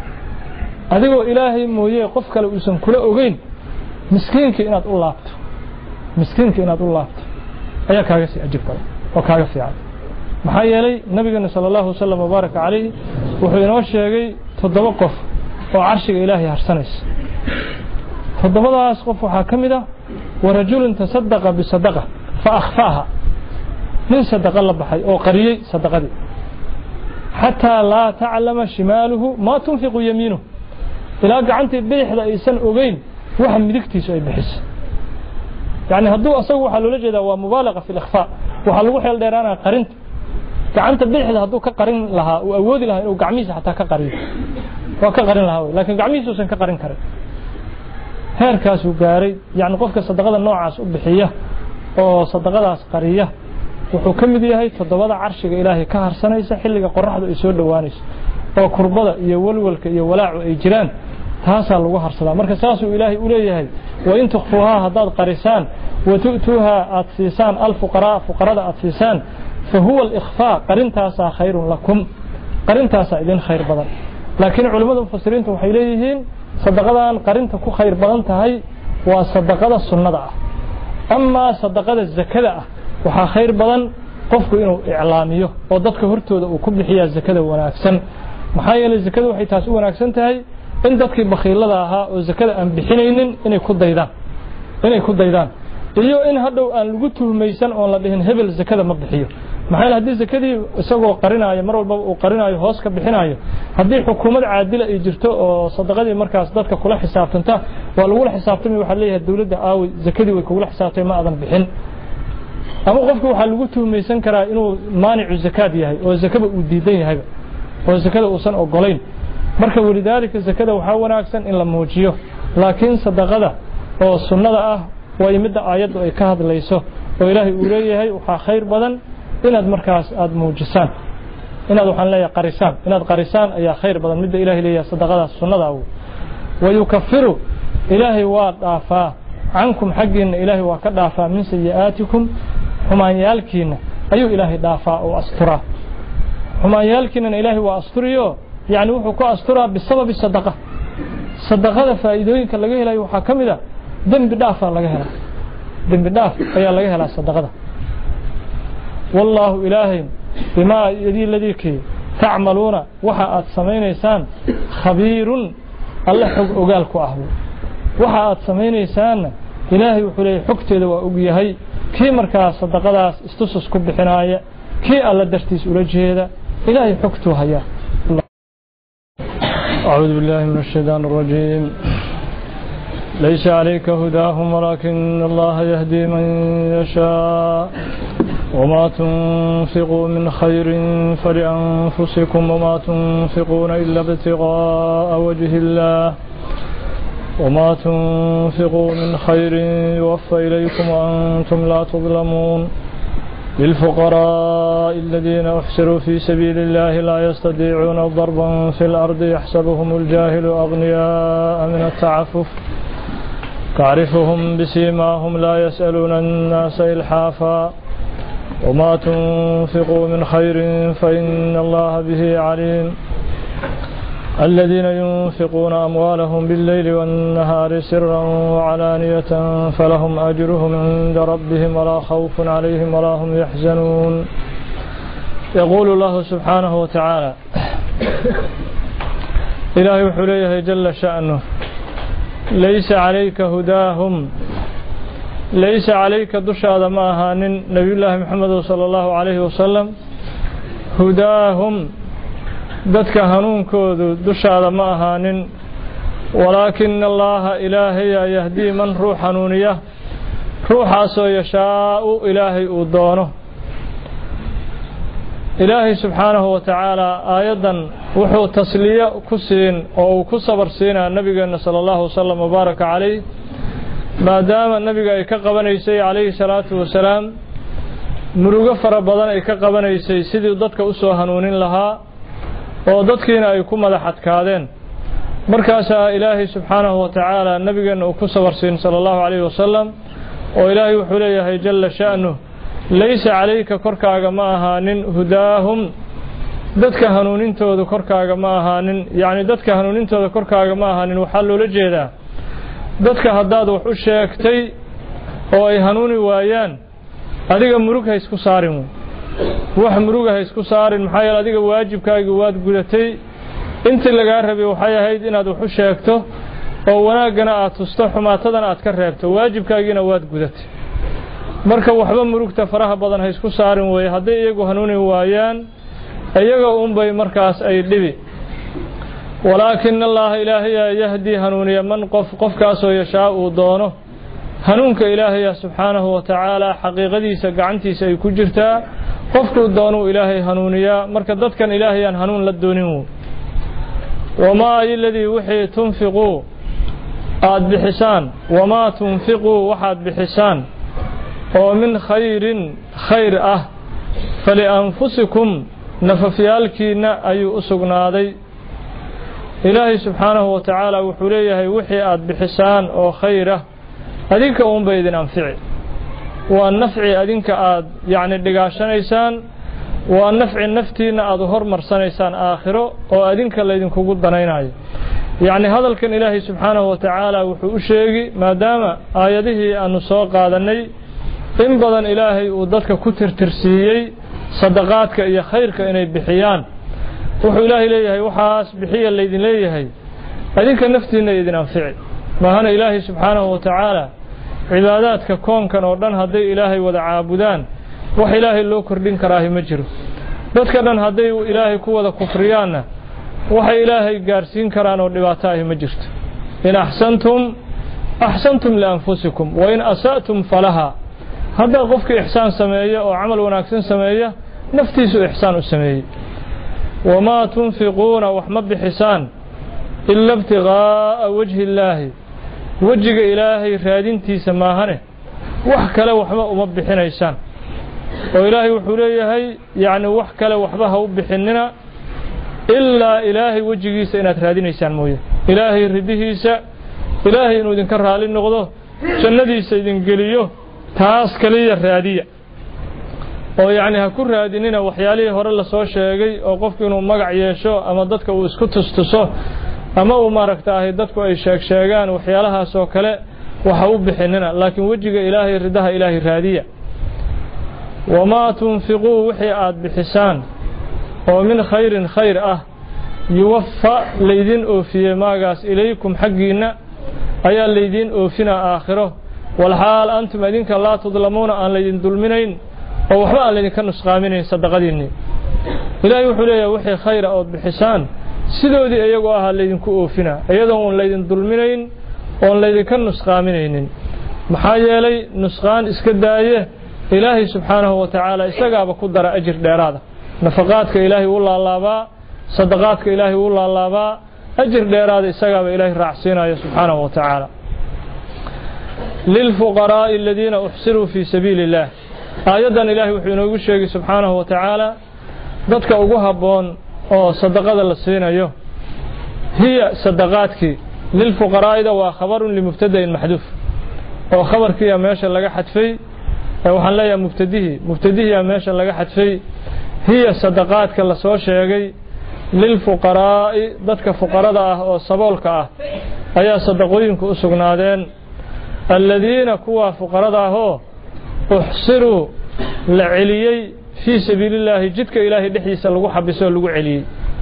أذيو إلهي مويه قفك لو يسن كل أغين مسكينك إناد الله مسكينك إناد الله أي كاغسي أجيب بلا وكاغسي عن maxaa yeelay nabigeena sallallahu sallam mubarak calayhi wuxuu inoo sheegay toddoba qof oo carshiga ilaahay harsanaysa toddobadaas qof waxaa ka mid ah warajulun tasaddaqa bisadaqa fa akhfaaha min sadaqa la baxay oo qariyay sadaqadii xataa laa taclama shimaaluhu maa tunfiqu yamiinuhu ilaa gacantii bidixda aysan ogeyn waxa midigtiisu ay bixisay yani hadduu asagu waxaa loola jeedaa waa mubaalaqa fi likhfaa waxaa lagu xeel dheeraanaa qarinta gacanta bidixda hadduu ka qarin lahaa uu awoodi lahaa inuu gacmihiisa xataa ka qariyo waa ka qarin lahaa laakiin gacmihiisa uusan ka qarin karin heerkaasuu gaaray yani qofka sadaqada noocaas u bixiya oo sadaqadaas qariya wuxuu ka mid yahay toddobada carshiga ilaahay ka harsanaysa xilliga qoraxdu ay soo dhowaanayso oo kurbada iyo walwalka iyo walaacu ay jiraan taasaa lagu harsadaa marka saasuu ilaahay u leeyahay wain tukhfuuhaa haddaad qarisaan watu'tuuhaa aad siisaan alfuqaraa fuqarada aad siisaan فهو الإخفاء قرنتاسا خير لكم قرنتاسا إذن خير بدن لكن علماء المفسرين وحيليهين صدقان قرنتا كو خير بدن تهي وصدقات السنة أما صدقات الزكاة وحا خير بدن قفكو إنو إعلاميه وددك هرتودا وكبحيا الزكاة وناكسن محايا للزكاة وحي تاسو وناكسن تهي إن ددك بخيلة ها والزكاة أن بحنين إن يكون ديدان إن يكون ديدان iyo in hadhow aan lagu tuhmaysan oo la dhihin hebel zakada ma bixiyo maxay hadii zakadii isagoo qarinaayo mar walba uu qarinaayo hoos ka bixinaayo hadii xukuumad caadil ay jirto oo sadaqadii markaas dadka kula xisaabtanta waa lagu xisaabtamay waxa leeyahay dawladda aawi zakadii way kula xisaabtay ma aadan bixin ama qofku waxa lagu tuhmaysan karaa inuu maanicu zakad yahay oo zakada uu diidan yahay oo zakada uusan ogolayn marka walidaalika zakada waxa wanaagsan in la muujiyo laakiin sadaqada oo sunnada ah ويمد آيات أي كهذا ليسه وإلهي أوليه وحا خير بدن إن هذا مركز هذا موجسان إن هذا حن لا يقرسان إن هذا قرسان أي خير بدن مد إلهي ليه صدقات السنة ويكفر إلهي وضعفا عنكم حق إن إلهي وكضعفا من سيئاتكم هما يالكين أي إلهي ضعفا وأسترا هما يالكين إن إلهي وأستريو يعني وحكو أسترا بسبب الصدقة صدقات فائدوين كاللغيه لا يحكم ذا ذنب دافع laga hela ذنب daaf ayaa laga helaa sadaqada wallahu ilaahi bima yadi ladiki ta'maluna waxa aad sameeynaysan khabiirun allah xog ogaal ku ah waxa aad sameeynaysan ilaahi wuxuu leeyahay xogteeda waa og yahay kii markaa sadaqadaas istusus ku bixinaaya kii alla dartiis ula jeeda ilaahi xogtu haya a'uudu billahi minash shaytaanir rajiim ليس عليك هداهم ولكن الله يهدي من يشاء وما تنفقوا من خير فلأنفسكم وما تنفقون إلا ابتغاء وجه الله وما تنفقوا من خير يوفى إليكم وأنتم لا تظلمون للفقراء الذين أحسروا في سبيل الله لا يستطيعون ضربا في الأرض يحسبهم الجاهل أغنياء من التعفف تعرفهم بسيماهم لا يسألون الناس إلحافا وما تنفقوا من خير فإن الله به عليم الذين ينفقون أموالهم بالليل والنهار سرا وعلانية فلهم أجرهم عند ربهم ولا خوف عليهم ولا هم يحزنون يقول الله سبحانه وتعالى إلهي حليه جل شأنه ليس عليك هداهم ليس عليك دشاد معها نبي الله محمد صلى الله عليه وسلم هداهم dadka hanuunkoodu dushaada ma ahaanin walaakina allaha ilaahay yahdii man ruux hanuuniya ruuxaasoo yashaau ilaahay uu doono ilaahay subxaanahu wa tacaala aayadan wuxuu tasliya ku siin oo uu ku sabar siinaa nabigeena sala allahu wasalam wabaaraka calayh maadaama nabiga ay ka qabanaysay calayhi salaatu wasalaam murugo fara badan ay ka qabanaysay sidii dadka u soo hanuunin lahaa oo dadkiina ay ku madax adkaadeen markaasaa ilaahay subxaanahu wa tacaala nabigeena uu ku sabarsiin sallallahu alayhi wasallam oo ilaahay wuxuu leeyahay jalla sha'nu laysa calayka korkaaga ma ahaanin hudaahum dadka hanuunintooda korkaaga ma ahaanin yacni dadka hanuunintooda korkaaga ma ahaanin waxaa loola jeedaa dadka haddaad wax u sheegtay oo ay hanuuni waayaan adiga murug ha isku saarin wax muruga ha isku saarin maxaa yeelay adiga waajibkaaga waad gudatay intii laga rabay waxay ahayd inaad wax u sheegto oo wanaagana aad tusto xumaatadana aad ka reebto waajibkaagina waad gudatay marka waxba murugta faraha badan ha isku saarin way haday iyagu hanuuni waayaan iyaga uun bay markaas ay dhibi walaakin allah ilaahay yahdi hanuuniya man qof qofkaas oo yashaa uu doono hanuunka ilaahay subxaanahu wa tacaala xaqiiqadiisa gacantiisa ay ku jirtaa qofku doonu ilaahay hanuuniya marka dadkan ilaahay aan hanuun la doonin wama alladhi wixii tunfiqu aad bixisaan wama tunfiqu waxaad bixisaan oo min khayrin khayr ah fali anfusikum nafafyaalkiina ayuu u sugnaaday ilaahay subxaanahu wa tacaala wuxuu leeyahay wixii aad bixisaan oo khayr ah adinka uun bay idin anfici waa nafci adinka aad yani dhigaashanaysaan waa nafci naftiina aad hormarsanaysaan aakhiro oo adinka laydinkugu danaynayo yani hadalkan ilaahay subxaanahu wa tacaala wuxuu u sheegi maadaama aayadihii aanu soo qaadanay in badan ilaahay uu dadka ku tirtirsiiyey sadaqaadka iyo khayrka inay bixiyaan wuxuu ilaahay leeyahay waxaas bixiya laydin leeyahay adinka naftiina idin anfici maahana ilaahay subxaanahu wa tacaala cibaadaadka koonkan oo dhan haday ilaahay wada caabudaan wax ilaahay loo kordhin karaa ma jiro dadka dhan haday ilaahay ku wada kufriyaana wax ilaahay gaarsiin karaan oo dhibaato ah ma jirto in ahsantum ahsantum li anfusikum wa in asaatum falaha hada qofka ihsaan sameeyo oo amal wanaagsan sameeyo naftiisu ihsaan u sameeyo wama tunfiquna wax ma bixisan illa ibtigaa wajhi illaahi wajiga ilaahay raadintiisa maahane wax kale waxba uma bixinaysaan oo ilaahay wuxuu leeyahay yaani wax kale waxba ha u bixinina illa ilaahay wajigiisa inaad raadinaysaan mooyee ilaahay ridihiisa ilaahay inuu idinka raali noqdo jannadiisa idin geliyo taas kaliya raadiya oo yaani ha ku raadinina waxyaalihii hore la soo sheegay oo qofku inuu magac yeesho ama dadka uu isku tustuso ama uu maaragtay dadku ay sheeg sheegaan waxyaalahaas oo kale waxa u bixinina laakiin wajiga ilaahay ridaha ilaahay raadiya wama tunfiqu wixii aad bixisaan oo min khayrin khayr ah yuwaffa laydin oofiye maagaas ilaykum xaqiina ayaa laydin oofina aakhiro wal haal antum adinka la tudlamuuna aan laydin dulminayn oo waxba aan laydin ka nusqaaminayn sadaqadiinni ilaahay wuxuu leeyahay wixii khayr ah oo bixisaan sidoodii iyagu ah laydin ku oofina iyadoo aan laydin dulminayn oo laydin ka nusqaaminaynin maxaa yeelay nusqaan iska daaye إلهي سبحانه وتعالى إساقاب قدر أجر ديرادا نفقاتك إلهي والله الله با صدقاتك إلهي والله الله با أجر ديرادا إساقاب إلهي رعسينا سبحانه وتعالى للفقراء الذين أحسروا في سبيل الله آيادا إلهي وحينا يقول سبحانه وتعالى ذاتك أقوها بون أو صدقات اللسينا يو هي صدقاتك للفقراء إذا وخبر لمبتدأ محذوف أو خبر كي ماشا لغا حدفي وحن لا يا مبتدئه مبتدئه يا ماشا لغا حدفي هي صدقاتك الله سو شيغي للفقراء dadka fuqarada ah oo saboolka ah ayaa sadaqooyinku u sugnaadeen alladina kuwa fuqarada ah oo uhsiru la celiyay fi sabilillah jidka ilaahi dhixdiisa lagu xabiso lagu celiyay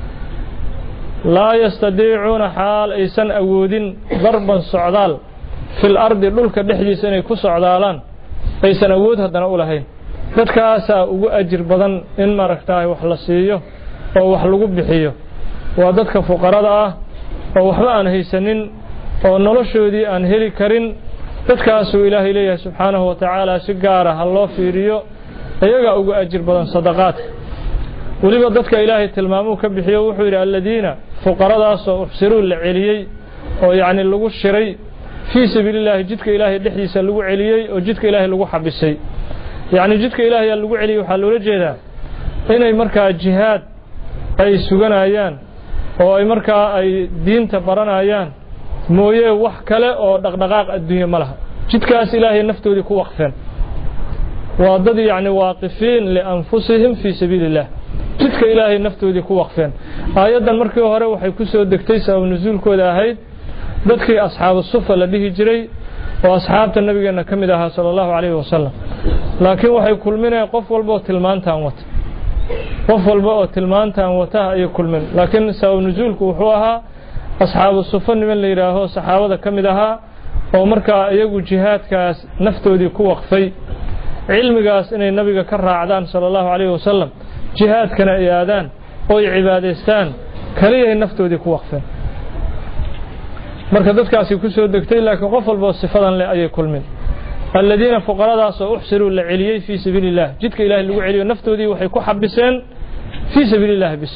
la yastadiicuna xaal aysan awoodin darban socdaal fil ardi dhulka dhixdiisa inay ku socdaalaan aysan awood hadana u lahayn dadkaas ugu ajir badan in maragtaay wax la siiyo oo wax lagu bixiyo waa dadka fuqarada ah oo waxba aan haysanin oo noloshoodii aan heli karin dadkaas uu Ilaahay leeyahay subhanahu wa ta'ala si gaar ah loo fiiriyo ayaga ugu ajir badan sadaqaadka waliba dadka Ilaahay tilmaamuu ka bixiyo wuxuu yiri alladina fuqaradaas oo uxsiru la celiyay oo yaani lagu shiray في سبيل الله جدك إلهي دحيسا لغو عليي أو جدك إلهي لغو حبسي يعني جدك إلهي لغو عليي وحالو لجيدا إني مركا جهاد أي سوغان آيان أو أي مركا أي دين تبران آيان مويه وحكالة أو دقدقاق الدنيا ملها جدك أس إلهي نفتو دي كو وقفين وضد يعني واقفين لأنفسهم في سبيل الله جدك إلهي نفتو دي كو وقفين آيادا مركا وهره وحي كسو دكتيسا ونزول كودا هيد dadkii asxaab sufa la dhihi jiray oo asxaabta nabigeena kamid ahaa sallallahu alayhi wasallam laakiin waxay kulminayaan qof walba oo tilmaantaan wata qof walba oo tilmaantaan wata ay kulmin laakiin sabab nuzuulku wuxuu ahaa asxaab sufa niman la yiraahdo saxaabada kamid ahaa oo markaa iyagu jihaadkaas naftoodii ku waqfay cilmigaas inay nabiga ka raacdaan sallallahu alayhi wasallam jihaadkana ay aadaan oo ay cibaadaystaan kaliya naftoodii ku waqfeen marka dadkaasi ku soo degtay laakiin qof walba sifadan leh ayay kulmin alladina fuqaradaas oo uxsiru la celiyay fi sabilillah jidka ilaahi lagu celiyo naftoodii waxay ku xabiseen fi sabilillah bis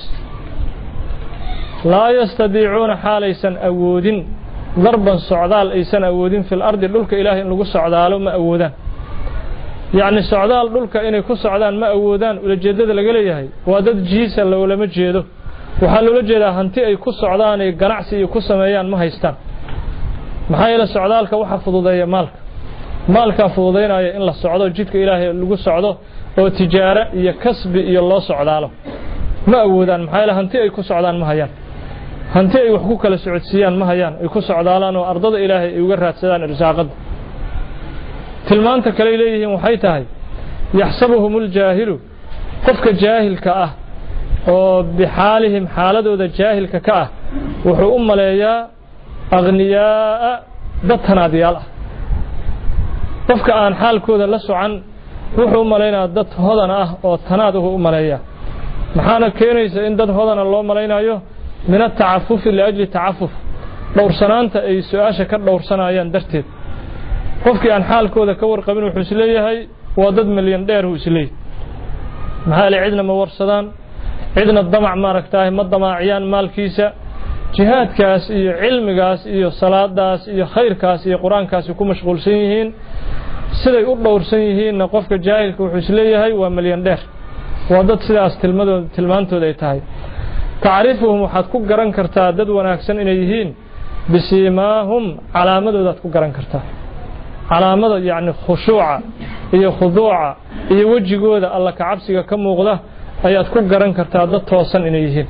la yastadiicuna halaysan awoodin darban socdaal aysan awoodin fil ardi dhulka ilaahi in lagu socdaalo ma awoodaan yaani socdaal dhulka inay ku socdaan ma awoodaan ulajeedada laga leeyahay waa dad jiisa lama jeedo waxa loo jeedaa hanti ay ku socdaan ee ganacsi ay ku sameeyaan ma haystaan maxay la socdaalka waxa fududeeya maalka maalka fududeynaya in la socdo jidka ilaahay lagu socdo oo tijaaro iyo kasbi iyo loo socdaalo ma awoodaan maxay la hanti ay ku socdaan ma hayaan hanti ay wax ku kala socodsiiyaan ma hayaan ay ku socdaalaan oo ardada ilaahay ay uga raadsadaan irsaaqada tilmaanta kale leeyihiin waxay tahay yaxsabuhumul jaahilu qofka jaahilka ah oo bixaalihim xaaladooda jaahilka ka ah wuxuu u maleeyaa aghniyaa dad tanaadiyaal ah qofka aan xaalkooda la socan wuxuu u maleeyaa dad hodan ah oo tanaad u maleeyaa maxaana keenaysa in dad hodana loo maleynayo min at-ta'affuf li ajli ta'affuf dhowrsanaanta ay su'aasha ka dhowrsanayaan darteed qofkii aan xaalkooda ka warqabin wuxuu isleeyahay waa dad milyan dheer uu isleeyahay maxaa la cidna ma warsadaan cidna damac maaragtaay ma damaaciyaan maalkiisa jihaadkaas iyo cilmigaas iyo salaadaas iyo khayrkaas iyo quraankaas ku mashquulsan yihiin siday u dhowrsan yihiin qofka jaahilka wuxuu isleeyahay waa milyan dheer waa dad sidaas tilmadooda tilmaantooda ay tahay taarifuhum waxaad ku garan kartaa dad wanaagsan inay yihiin bisimaahum calaamadooda ku garan kartaa calaamada yaani khushuuca iyo khuduuca iyo wajigooda alla ka cabsiga ka muuqda ayaad ku garan kartaa dad toosan inay yihiin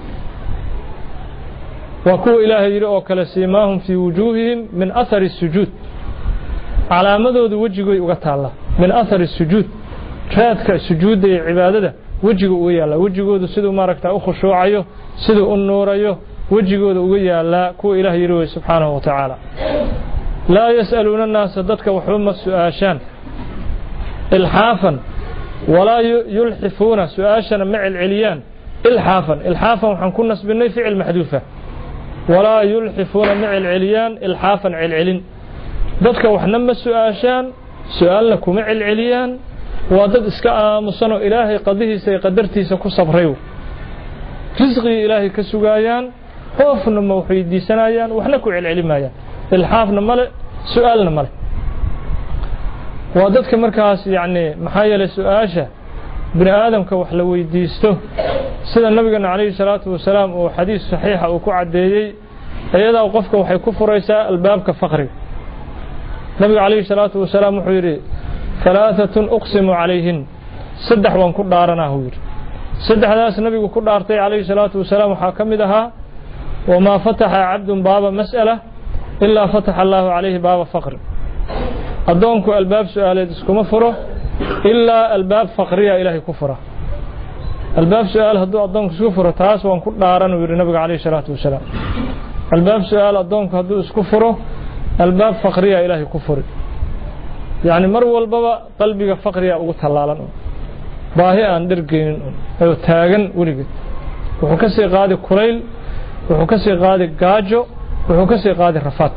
wa ku ilaahay yiri oo kala simaahum fi wujuhihim min athari sujud calaamadooda wajigooda uga taala min athari sujud raadka sujuudda iyo cibaadada wajiga uga yaala wajigooda sidoo maaragtaa u khushuucayo sidoo u nuurayo wajigooda uga yaala ku ilaahay yiri subhanahu wa ta'ala la yasaluna an-nas dadka waxuma su'aashan ilhaafan ولا يلحفون سؤاشنا مع العليان الحافا الحافا وحن كنا نسبني فعل محذوفة ولا يلحفون مع العليان الحافا علعلين ذاتك وحنا ما سؤاشان سؤالكم مع العليان وادد اسكا آمسانو إلهي قضيه سيقدرتي سكو صبريو رزقي إلهي كسوغايان خوفنا موحيد دي سنايان وحنكو على العلمايان الحافنا ملء سؤالنا ملء واددك مركز يعني محايا سؤاشة بني آدم كوحلوي ديستو سيدا النبي عليه الصلاة والسلام وحديث صحيح وكو عديدي أيضا وقفك وحي كفر ريساء الباب كفقري النبي عليه الصلاة والسلام وحيري ثلاثة أقسم عليهن صدح وانكو دارنا هوير صدح ناس النبي كو دارتي عليه الصلاة والسلام وحاكم دها وما فتح عبد باب مسألة إلا فتح الله عليه باب فقر أدونكو الباب سؤالي دسكو مفره إلا الباب فقرية إلهي كفره الباب سؤال هدو أدونك سكفره تاس وانكو دارنا وير النبي عليه الصلاة والسلام الباب سؤال أدونك هدو سكفره الباب فقرية إلهي كفره يعني مرو البابا قلبي فقرية أقول هلالان باهي أن درجين أو تاجن ولقيت وحكسي قاعد كريل وحكسي قاعد جاجو وحكسي قاعد رفات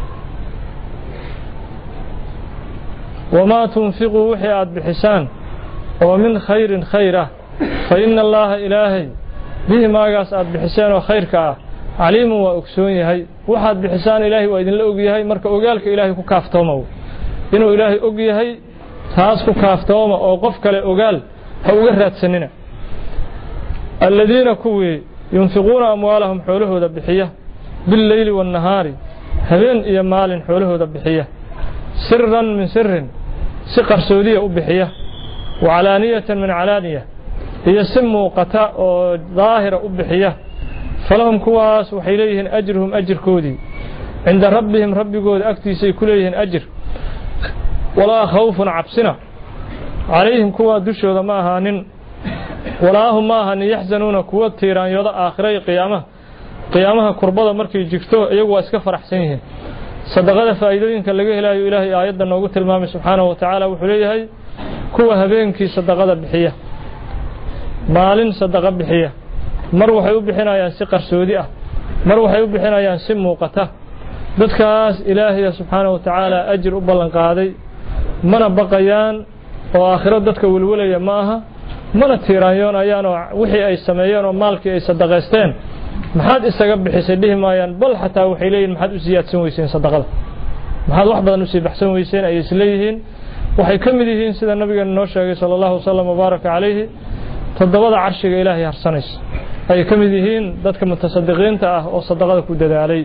وما تنفقوا وحيات بحسان ومن خير خيره فإن الله إلهي به ما قاس بحسان وخيرك عليم وأكسوني هاي واحد بحسان إلهي وإذن لأوجي هاي مرك أوجالك إلهي كافتومه إنه إلهي أوجي هاي تاسكو كافتومه أو قفك لأوجال هو جرت سننا الذين كوي ينفقون أموالهم حوله ذبحية بالليل والنهار هبين إيا مال حوله ذبحية سرا من سر سقر سودية أبحية وعلانية من علانية هي سم قتاء ظاهرة أبحية فلهم كواس وحيليهن أجرهم أجر كودي عند ربهم رب قود أكتي سيكليهن أجر ولا خوف عبسنا عليهم كوا دشوا ماهان ولا هم ماهان يحزنون كوا تيران يوضع آخري قيامة قيامها كربضة مركي جكتو يقوى اسكفر أحسنهم صدقاء فائدين كاللقيه إلهي إلهي آيادا نوغت المام سبحانه وتعالى وحليه كوا هبينكي صدقاء بحية مال صدقاء بحية مروح يبحنا ينسي قرسودية مروح يبحنا ينسي موقته dadkaas ilaahay subhanahu wa ta'ala ajir u ballan qaaday mana baqayaan oo aakhirad dadka walwalaya maaha mana tiiraanyoon ayaan wixii ay sameeyeen oo maalkii ay sadaqaysteen maxaad isaga bixisay dhihimayaan bal xataa waxay leeyihiin maxaad u siyaadsan weyseen sadaqada maxaad wax badan u sii baxsan weyseen ay isleeyihiin waxay ka mid yihiin sida nabiga noo sheegay sallallahu alayhi wa sallam baraka alayhi todobada carshiga ilaahay harsanaysa ay ka mid yihiin dadka mutasaddiqiinta ah oo sadaqada ku dadaalay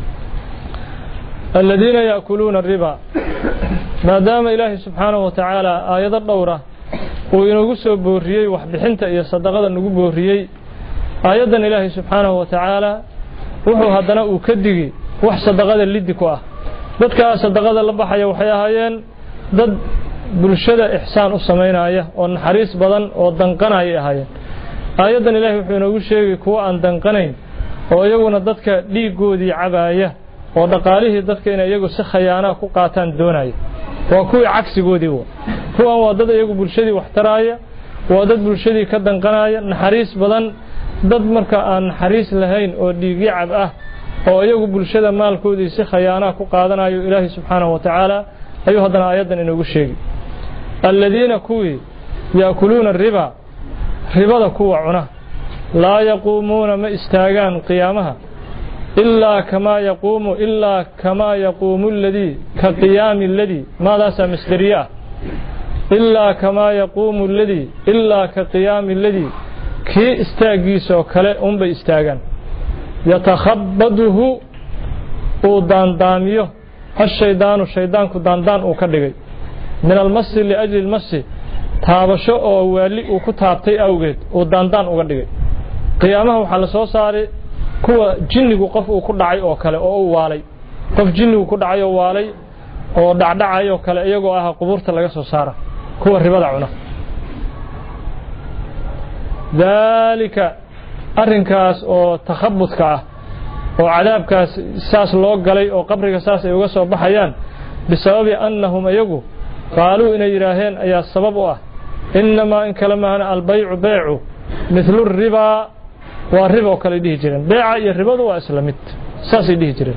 الذين يأكلون الربا ما دام إلهي سبحانه وتعالى آيات الدورة وينقصوا بوريي وحبحنت إيا صدقاء نقو بوريي آيات إلهي سبحانه وتعالى وحو هدنا وكدقي وح صدقاء الليدكوا ذاتك صدقاء اللبحة وحياهايين ذات برشدة إحسان السمين آية ونحريس بدن ودنقنا آية آيات إلهي وحو شيء كوا أن دنقنين ويقولون ذاتك ليقو دي عباية oo dhaqaalihii dadka inay iyagu si khayaana ku qaataan doonay waa kuwii cagsigoodii waa kuwan waa dad iyagu bulshadii wax taraaya waa dad bulshadii ka danqanaya naxariis badan dad marka aan naxariis lahayn oo dhiigi cab ah oo iyagu bulshada maalkoodii si khayaana ku qaadanayo ilaahi subhanahu wa ta'ala ayuu hadana aayadan inoogu sheegay alladina kuwi yaakuluuna riba ribada kuwa cuna la yaquumuna ma istaagaan qiyaamaha إلا كما يقوم إلا كما يقوم الذي كقيام الذي ماذا سمستريا إلا كما يقوم الذي إلا كقيام الذي كي استاجيسو كلا أم بيستاجن يتخبطه ودان دانيو الشيطان الشيطان كدان دان وكدغي من المس لأجل المس تابشو أو ولي وكتابتي أوجد ودان دان وكدغي قيامه وحل سو صاري kuwa jinnigu qof uu ku dhacay oo kale oo uu waalay qof jinnigu ku dhacay oo waalay oo dhacdhacay oo kale iyagoo ah qubuurta laga soo saara kuwa ribada cuna dalika arrinkaas oo takhabbudka ah oo cadaabkaas saas loo galay oo qabriga saas ay uga soo baxayaan bisababi annahum ayagu qaaluu inay yiraaheen ayaa sabab u ah inma in kalamaana albay'u bay'u mithlu riba والربا وكل ديه جيران بيع الربا هو اسلامت ساس ديه جيران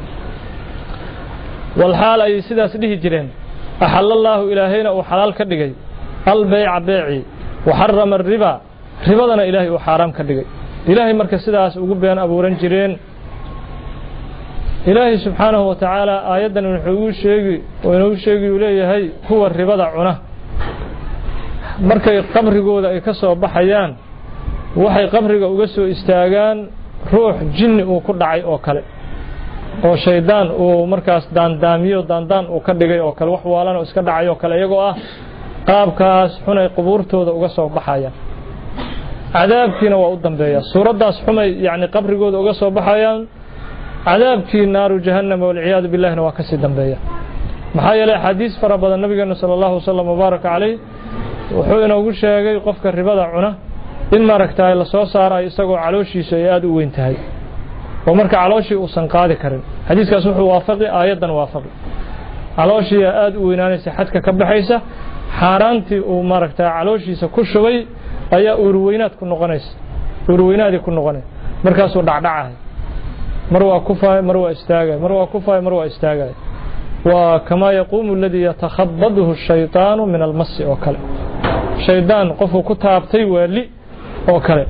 والحال اي سداس ديه جيران احل الله الهينا وحلال كدغاي البيع بيعي وحرم الربا ربضنا إلهي وحرام كدغي إلهي marka sidaas ugu been abuuran jireen إلهي سبحانه وتعالى آياdan wuxuu sheegi oo inuu sheegi uu leeyahay kuwa ribada cuna markay qabrigooda ay ka soo baxayaan waxay qabriga uga soo istaagaan ruux jinni uu ku dhacay oo kale oo shaydaan uu markaas daandaamiyo daandaan uu ka dhigay oo kale wax waalan oo iska dhacay oo kale iyagoo ah qaabkaas xunay qubuurtooda uga soo baxayaan cadaabkiina waa u dambeeya suuradaas xumay yaani qabrigooda uga soo baxayaan cadaabkii naaru jahannam wal ciyaad billaahna waa ka sii dambeeya maxaa yeelay xadiis fara badan nabigeena sallallahu alayhi wasallam mubaaraka calayhi wuxuu inoogu sheegay qofka ribada cuna in maaragtay la soo saaray isagoo calooshiisa ay aad u weyn tahay oo marka calooshii uu san qaadi karin xadiiskaas wuxuu waafaqay aayadan waafaqay calooshii aad u weynaanaysa xadka ka baxaysa xaaraantii uu maaragtay calooshiisa ku shubay ayaa urweynaad ku noqonaysa urweynaadi ku noqonay markaas uu dhacdhacahay mar waa kufaay mar waa istaagay mar waa kufaay mar waa istaagay waa kama yaquumu alladhi yatakhabbadhu ash-shaytaanu min al-mass oo kale shaydaan qofku ku taabtay wali oo kale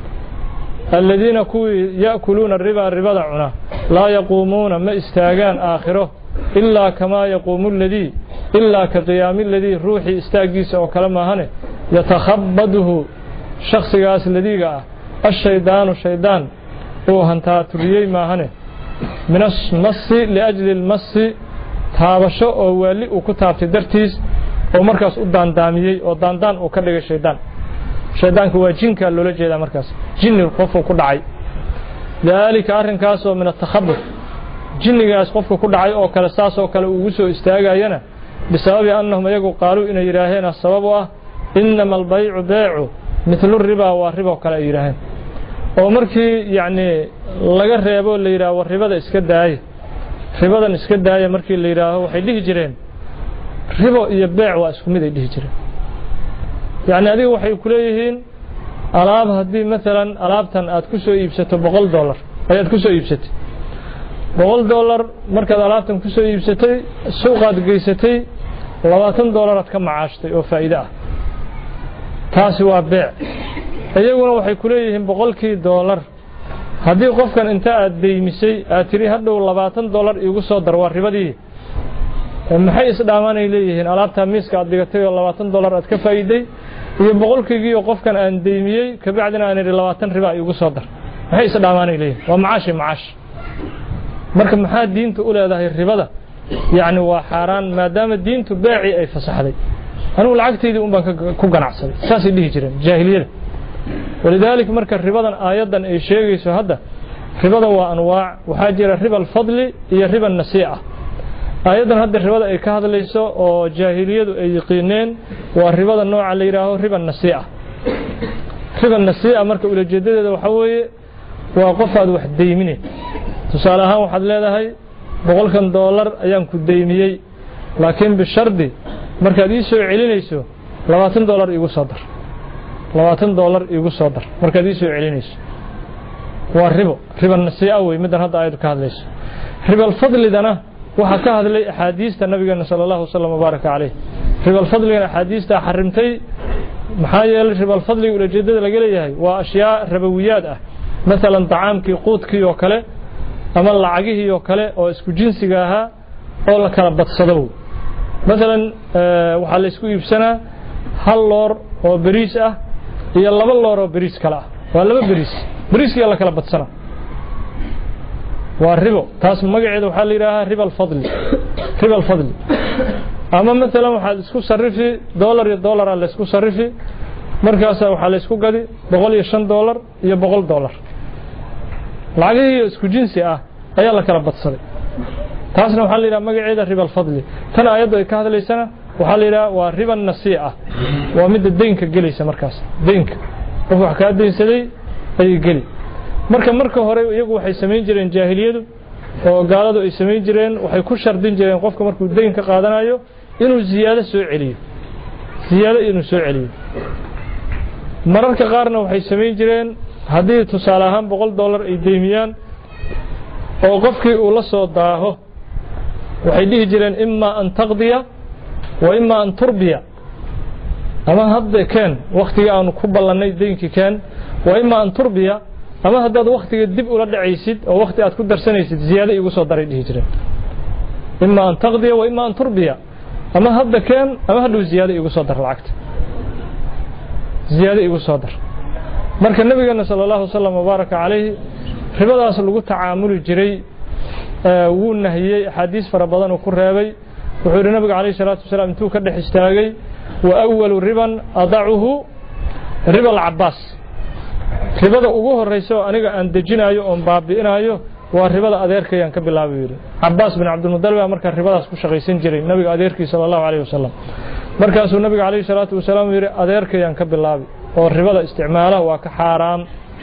alladina ku yaakuluuna riba ribada cuna la yaquumuuna ma istaagaan aakhiro illa kama yaquumu alladhi illa ka qiyaami alladhi ruuxi istaagiisa oo kale maahane yatakhabbadhu shakhsigaas ladiga ah ash-shaydaanu shaydaan oo hantaa turiyay maahane min as-massi li ajli al-massi taabasho oo wali uu ku taabtay dartiis oo markaas u daandaamiyay oo daandaan uu ka dhigay shaydaan shaydaanku waa jinka loola jeedaa markaas jinni qofku ku dhacay dalika arrinkaas oo min at-takhabbur jinnigaas qofku ku dhacay oo kale saas oo kale uu soo istaagayana bisababi annahum yagu qaalu inay yiraahdeen sababu ah inma al-bay'u bay'u mithlu ar-riba wa riba kale yiraahdeen oo markii yaani laga reebo la yiraahdo ribada iska daay ribadan iska daay markii la yiraahdo waxay dhihi jireen ribo iyo bayc waa isku mid ay dhihi jireen يعني هذه waxay ku leeyihiin alaab hadii mesela alaabtan aad ku soo iibsato boqol dollar ayaad ku soo iibsatay boqol dollar markaad alaabtan ku soo iibsatay suuqaad geysatay labaatan dollar aad ka macaashtay oo faa'iido ah taasi waa beec ayaguna waxay ku leeyihiin boqolkii dollar hadii qofkan inta aad deymisay aad tiri hadhow labaatan dollar igu soo dar waa ribadii maxay isdhaamanay leeyihiin alaabta miiska aad dhigatay oo labaatan dollar aad ka faa'iiday iyo boqolkii oo qofkan aan deymiyay ka bacdina aan labaatan riba igu soo dar maxay isdhaamanay leeyihiin waa macaash macaash marka maxaa diintu u leedahay ribada yaani waa xaraan maadaama diintu baaci ay fasaxday anu lacagteedii un baan ku ganacsaday saasi dhihi jireen jaahiliyada walidaalika marka ribadan aayadan ay sheegayso hadda ribada waa anwaac waxa jira riba al-fadli iyo riba an-nasii'a aayadan hadda ribada ay ka hadlayso oo jaahiliyadu ay yaqeeneen waa ribada nooca la yiraahdo riba an-nasii'a riba an-nasii'a marka ula jeedadeeda waxa weeye waa qof aad wax deyminay tusaale ahaan waxaad leedahay boqolkan dollar ayaan ku deymiyay laakiin bi shardi markaad ii soo celinayso labaatan dollar igu soo dar labaatan dollar igu soo dar markaad ii soo celinayso waa ribo riba an-nasii'a way midan hadda aayadu ka hadlayso riba al-fadlidana waxa ka hadlay ahadiista nabiga sallallahu alayhi wasallam baraka calayh riba al-fadli ahadiista xarimtay maxaa yeelay riba al-fadli ula jeedada laga leeyahay waa ashyaa rabawiyaad ah mesela tacaamkii quudkii oo kale ama lacagihii oo kale oo isku jinsiga aha oo la kala badsado mesela waxa la isku iibsanaa hal loor oo bariis ah iyo laba loor oo bariis kala ah waa laba bariis bariiskii la kala badsanaa والربا تاس مقعد وحال يراها ربا الفضل ربا الفضل اما مثلا waxaad isku sarifi dollar iyo dollar la isku sarifi markaas waxa la isku gadi boqol iyo shan dollar iyo boqol dollar lacagii isku jinsi ah ayaa la kala badsaday taasna waxa la yiraahdaa magaceeda riba al-fadl tan ayadu ay ka hadlaysana waxa la yiraahdaa waa riba an-nasii'a waa mid deynka galaysa markaas deynka qof wax ka deynsaday ay gali marka marka hore iyagu waxay sameyn jireen jaahiliyadu oo gaaladu ay sameyn jireen waxay ku shardin jireen qofka markuu deyn ka qaadanayo inuu ziyaado soo celiyo ziyaado inuu soo celiyo mararka qaarna waxay sameyn jireen hadii tusaale ahaan boqol dollar ay deymiyaan oo qofkii uu la soo daaho waxay dhihi jireen imma an taqdiya wa imma an turbiya أما هذا كان وقت أن قبل لنا دينك كان وإما أن تربية أما هذا وقت الدب ولا عيسد أو وقت أتقدر سنة زيادة يقصد دري الهجرة إما أن تقضي وإما أن تربية أما هذا كان أما هذا زيادة يقصد در العقد زيادة يقصد در مرك النبي صلى الله عليه وسلم وبارك عليه ربنا أصل تعامل جري ونهي حديث فربضان وكرهبي وحور النبي عليه الصلاة والسلام تو كده استاغي وأول ربا أضعه ربا العباس ربا ugu horeyso aniga aan dejinayo oo baabiinayo waa ribada adeerkayaan ka bilaabay Abbas bin Abdul Muttalib marka ribadaas ku shaqaysan jiray nabiga adeerkiisa sallallahu alayhi wasallam markaasuu nabiga alayhi salaatu wasalaam yiri adeerkayaan ka bilaabay oo ribada isticmaala waa ka xaraam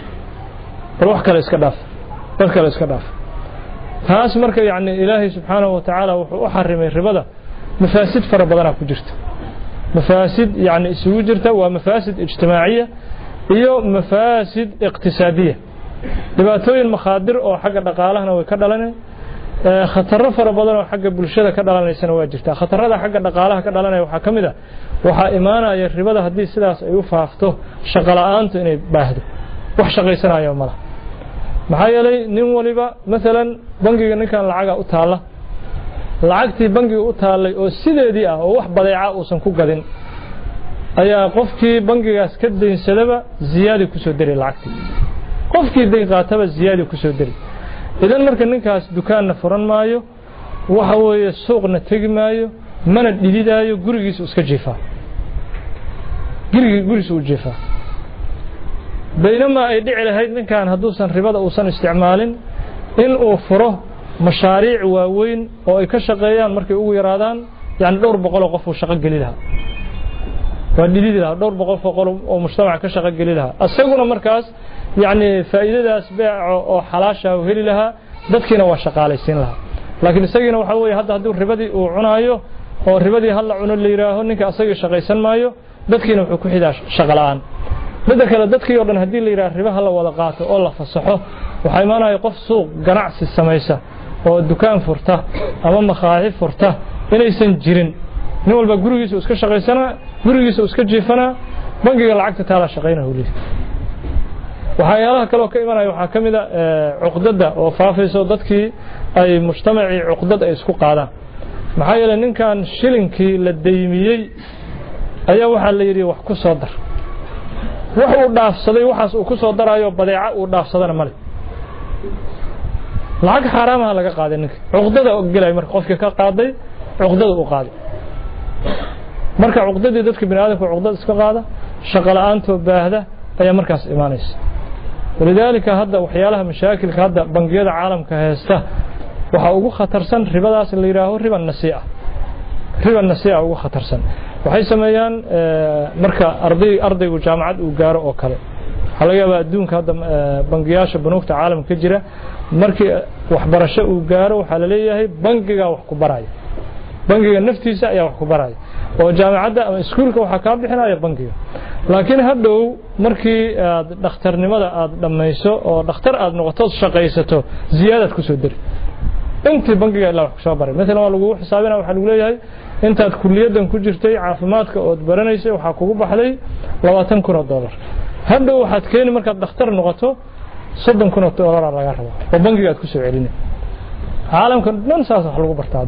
wax kale iska dhaaf wax kale iska dhaaf taas marka yaani ilaahi subhanahu wa ta'ala wuxuu u xarimay ribada mafaasid fara badan ku jirta mafaasid yaani isugu jirta waa mafaasid ijtimaaciya iyo mafaasid iqtisaadiya dhibaatooyin makhadir oo xagga dhaqaalaha way ka dhalanay khataro fara badan oo xagga bulshada ka dhalanaysan waa jirta khatarada xagga dhaqaalaha ka dhalanay waxa kamid ah waxa iimaanaya ribada hadii sidaas ay u faafto shaqo la'aantu inay baahdo wax shaqaysanayo malaha maxaa yeelay nin waliba midalan bangiga ninkan lacag u taala lacagtii bangiga u taalay oo sideedii ah oo wax badeeca uusan ku gadin ayaa qofkii bangigaas ka deynsadaba ziyaadi ku soo diray lacagtii qofkii deyn qaataba ziyaadi ku soo diray idan marka ninkaas dukaanna furan maayo waxa weeye suuqna tagi maayo mana dhididaayo gurigiisa iska jiifaa gurigiisa gurigiisa u jiifaa بينما ay dhici lahayd ninkan haduusan ribada uusan isticmaalin in uu furo mashaariic waaweyn oo ay ka shaqeeyaan markay ugu yaraadaan yani dhowr boqol oo qof uu shaqo gali lahaa waa dhididi lahaa dhowr boqol oo mujtamac ka shaqo gali lahaa asaguna markaas yani faa'iidadaas beec oo xalaasha uu heli lahaa dadkiina waa shaqaalaysiin lahaa laakiin isagina waxa weeye hadda haduu ribadii uu cunaayo oo ribadii hal la cuno leeyahay ninka asaga shaqaysan maayo dadkiina wuxuu ku xidaa shaqo la'aan midda kale dadkii oo dhan hadii la yiraahdo ribaha la wada qaato oo la fasaxo waxa imaanaya qof suuq ganacsi sameeysa oo dukaan furta ama maqaaxi furta inaysan jirin nin walba gurigiisa iska shaqaysana gurigiisa iska jiifana bangiga lacagta taala shaqeynaa uu leeyahay waxyaalaha kale oo ka imaanaya waxa kamid ah cuqdada oo faafayso dadkii ay mujtamaci cuqdad ay isku qaadaan maxaa yeelay ninkan shilinkii la deymiyay ayaa waxa la yiri wax ku soo dar wax uu dhaafsaday waxaas uu ku soo daraayo badeeca uu dhaafsadana male lacag xaraamaha laga qaaday ninka cuqdada oo galay marka qofka ka qaaday cuqdada uu qaaday marka cuqdadii dadka bini'aadamka cuqdad iska qaada shaqo la'aanto baahda ayaa markaas iimaanaysa walidaalika hadda waxyaalaha mashaakilka hadda bangiyada caalamka haysta waxa ugu khatarsan ribadaas la yiraahdo riba nasii'a riba nasii'a ugu khatarsan waxay sameeyaan marka arday ardaygu jaamacad uu gaaro oo kale waxa laga yaabaa adduunka hadda bangiyaasha banuugta caalamka ka jira markii waxbarasho uu gaaro waxa la leeyahay bangiga wax ku baraya bangiga naftiisa ayaa wax ku baraya oo jaamacadda ama iskuulka waxa ka bixinaya bangiga laakiin hadhow markii aad dhakhtarnimada aad dhamayso oo dhakhtar aad noqoto shaqaysato ziyaadad ku soo dir intii bangiga ilaa wax ku soo baray mesela waa lagu xisaabinaa waxa lagu leeyahay intaad kulliyadan ku jirtay caafimaadka oo baranaysay waxa kugu baxday labaatan kun oo dollar hadhow waxaad keenay markaad dhakhtar noqoto soddon kun oo dollar laga rabo oo bangiga aad ku soo celinay caalamka dhan saas wax lagu bartaa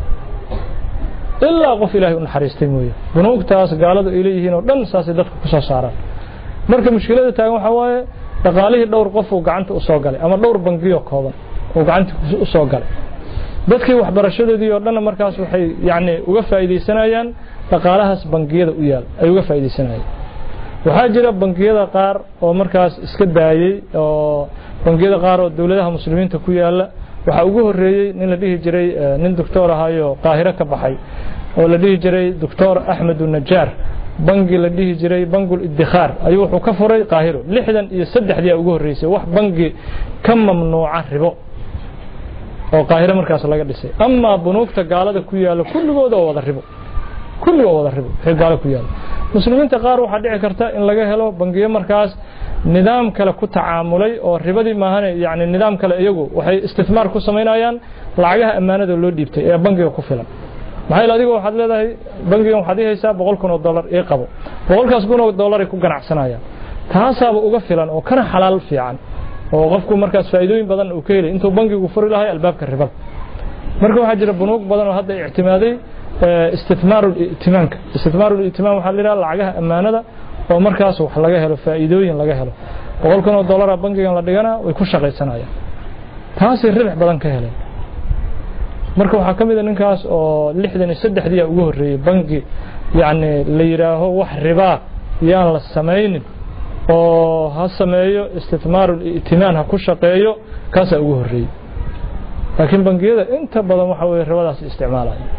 ilaa qof ilaahay u naxariistay mooyee bunuugtaas gaaladu ay leeyihiin oo dhan saas dadka ku soo saaraan marka mushkilada taagan waxa waaye dhaqaalihii dhowr qof oo gacanta u soo galay ama dhowr bangiyo kooban oo gacanta u soo galay dadkii waxbarashadoodii oo dhan markaas waxay yaani uga faa'iideysanayaan dhaqaalahaas bangiyada u yaal ay uga faa'iideysanayaan waxa jira bangiyada qaar oo markaas iska daayay oo bangiyada qaar oo dawladaha muslimiinta ku yaala waxa ugu horeeyay nin la dhihi jiray nin doctor ahayo qaahira ka baxay oo la dhihi jiray doctor Ahmed Najar bangi la dhihi jiray bangul iddikhar ayuu wuxuu ka furay qaahiro lixdan iyo saddex dii ugu horeysay wax bangi ka mamnuuca ribo oo qaahira markaas laga dhisay amma bunuugta gaalada ku yaala kulligooda oo wada ribo kulligooda wada ribo ee gaala ku yaala muslimiinta qaar waxa dhici karta in laga helo bangiyo markaas nidaam kale ku tacaamulay oo ribadii maahan yaani nidaam kale iyagu waxay istismaar ku sameynayaan lacagaha amaanada loo dhiibtay ee bangiga ku filan maxay adigu waxaad leedahay bangigan waxaad haysaa boqol kun oo dollar ee qabo boqolkaas kun oo dollar ay ku ganacsanayaan taasaaba uga filan oo kana xalaal fiican oo qofku markaas faa'iidooyin badan uu ka helay intuu bangigu furi lahay albaabka ribada marka waxa jira bunuug badan oo hadda ictimaaday istismaarul itimaanka istismaarul itimaan waxa la yiraahdaa lacagaha amaanada oo markaas wax laga helo faa'iidooyin laga helo boqol kun oo dollar bangigan la dhigana way ku shaqaysanayaan taasi ribix badan ka helay marka waxa kamid ah ninkaas oo lixdan iyo saddex diya ugu horeeyay bangi yaani la yiraaho wax riba yaan la sameeynin oo ha sameeyo istismaarul itimaan ha ku shaqeeyo kaas ugu horeeyay laakiin bangiyada inta badan waxa way ribadaas isticmaalayaan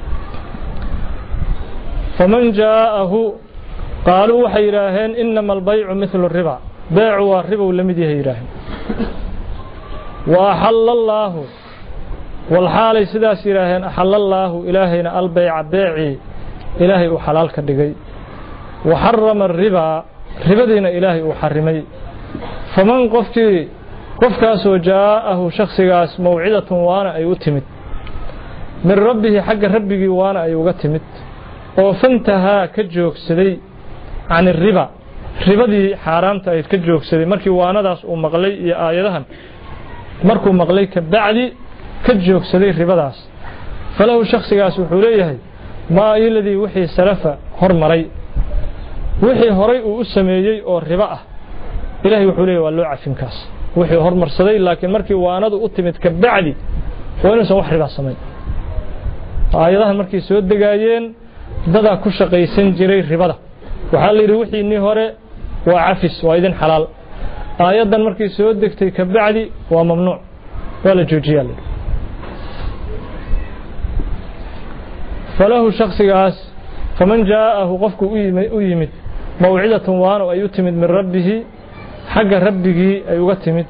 faman jaahu qaalu waxa yiraahdeen inma albay'u mithlu riba bay'u wa riba lamid yahay yiraahdeen wa halallahu wal halay sidaas yiraahdeen halallahu ilaahayna albay'a bay'i ilaahay uu xalaal ka dhigay wa harrama riba ribadiina ilaahay uu xarimay faman qofkii qofkaas oo jaahu shakhsigaas mawcidatun waana ay u timid min rabbihi xagga rabbigi waana ay uga timid oo fantaha ka joogsaday aan riba ribadii xaraamta ay ka joogsaday markii waanadaas uu maqlay iyo aayadahan markuu maqlay ka bacdi ka joogsaday ribadaas falahu shakhsigaas wuxuu leeyahay ma iladii wixii salafa hormaray wixii horay uu u sameeyay oo riba ah ilaahay wuxuu leeyahay waa loo cafin kaas wixii hormarsaday laakiin markii waanadu u timid ka bacdi waa inuu wax riba sameeyo aayadahan markii soo degaayeen dada ku shaqaysan jiray ribada waxa la yiri wixii ni hore waa cafis waa idin xalaal aayadan markii soo degtay ka bacdi waa mamnuuc wala joojiyay falahu shakhsigaas faman jaahu qofku u yimid mawcidatun waana ay u timid min rabbihi xagga rabbigi ay uga timid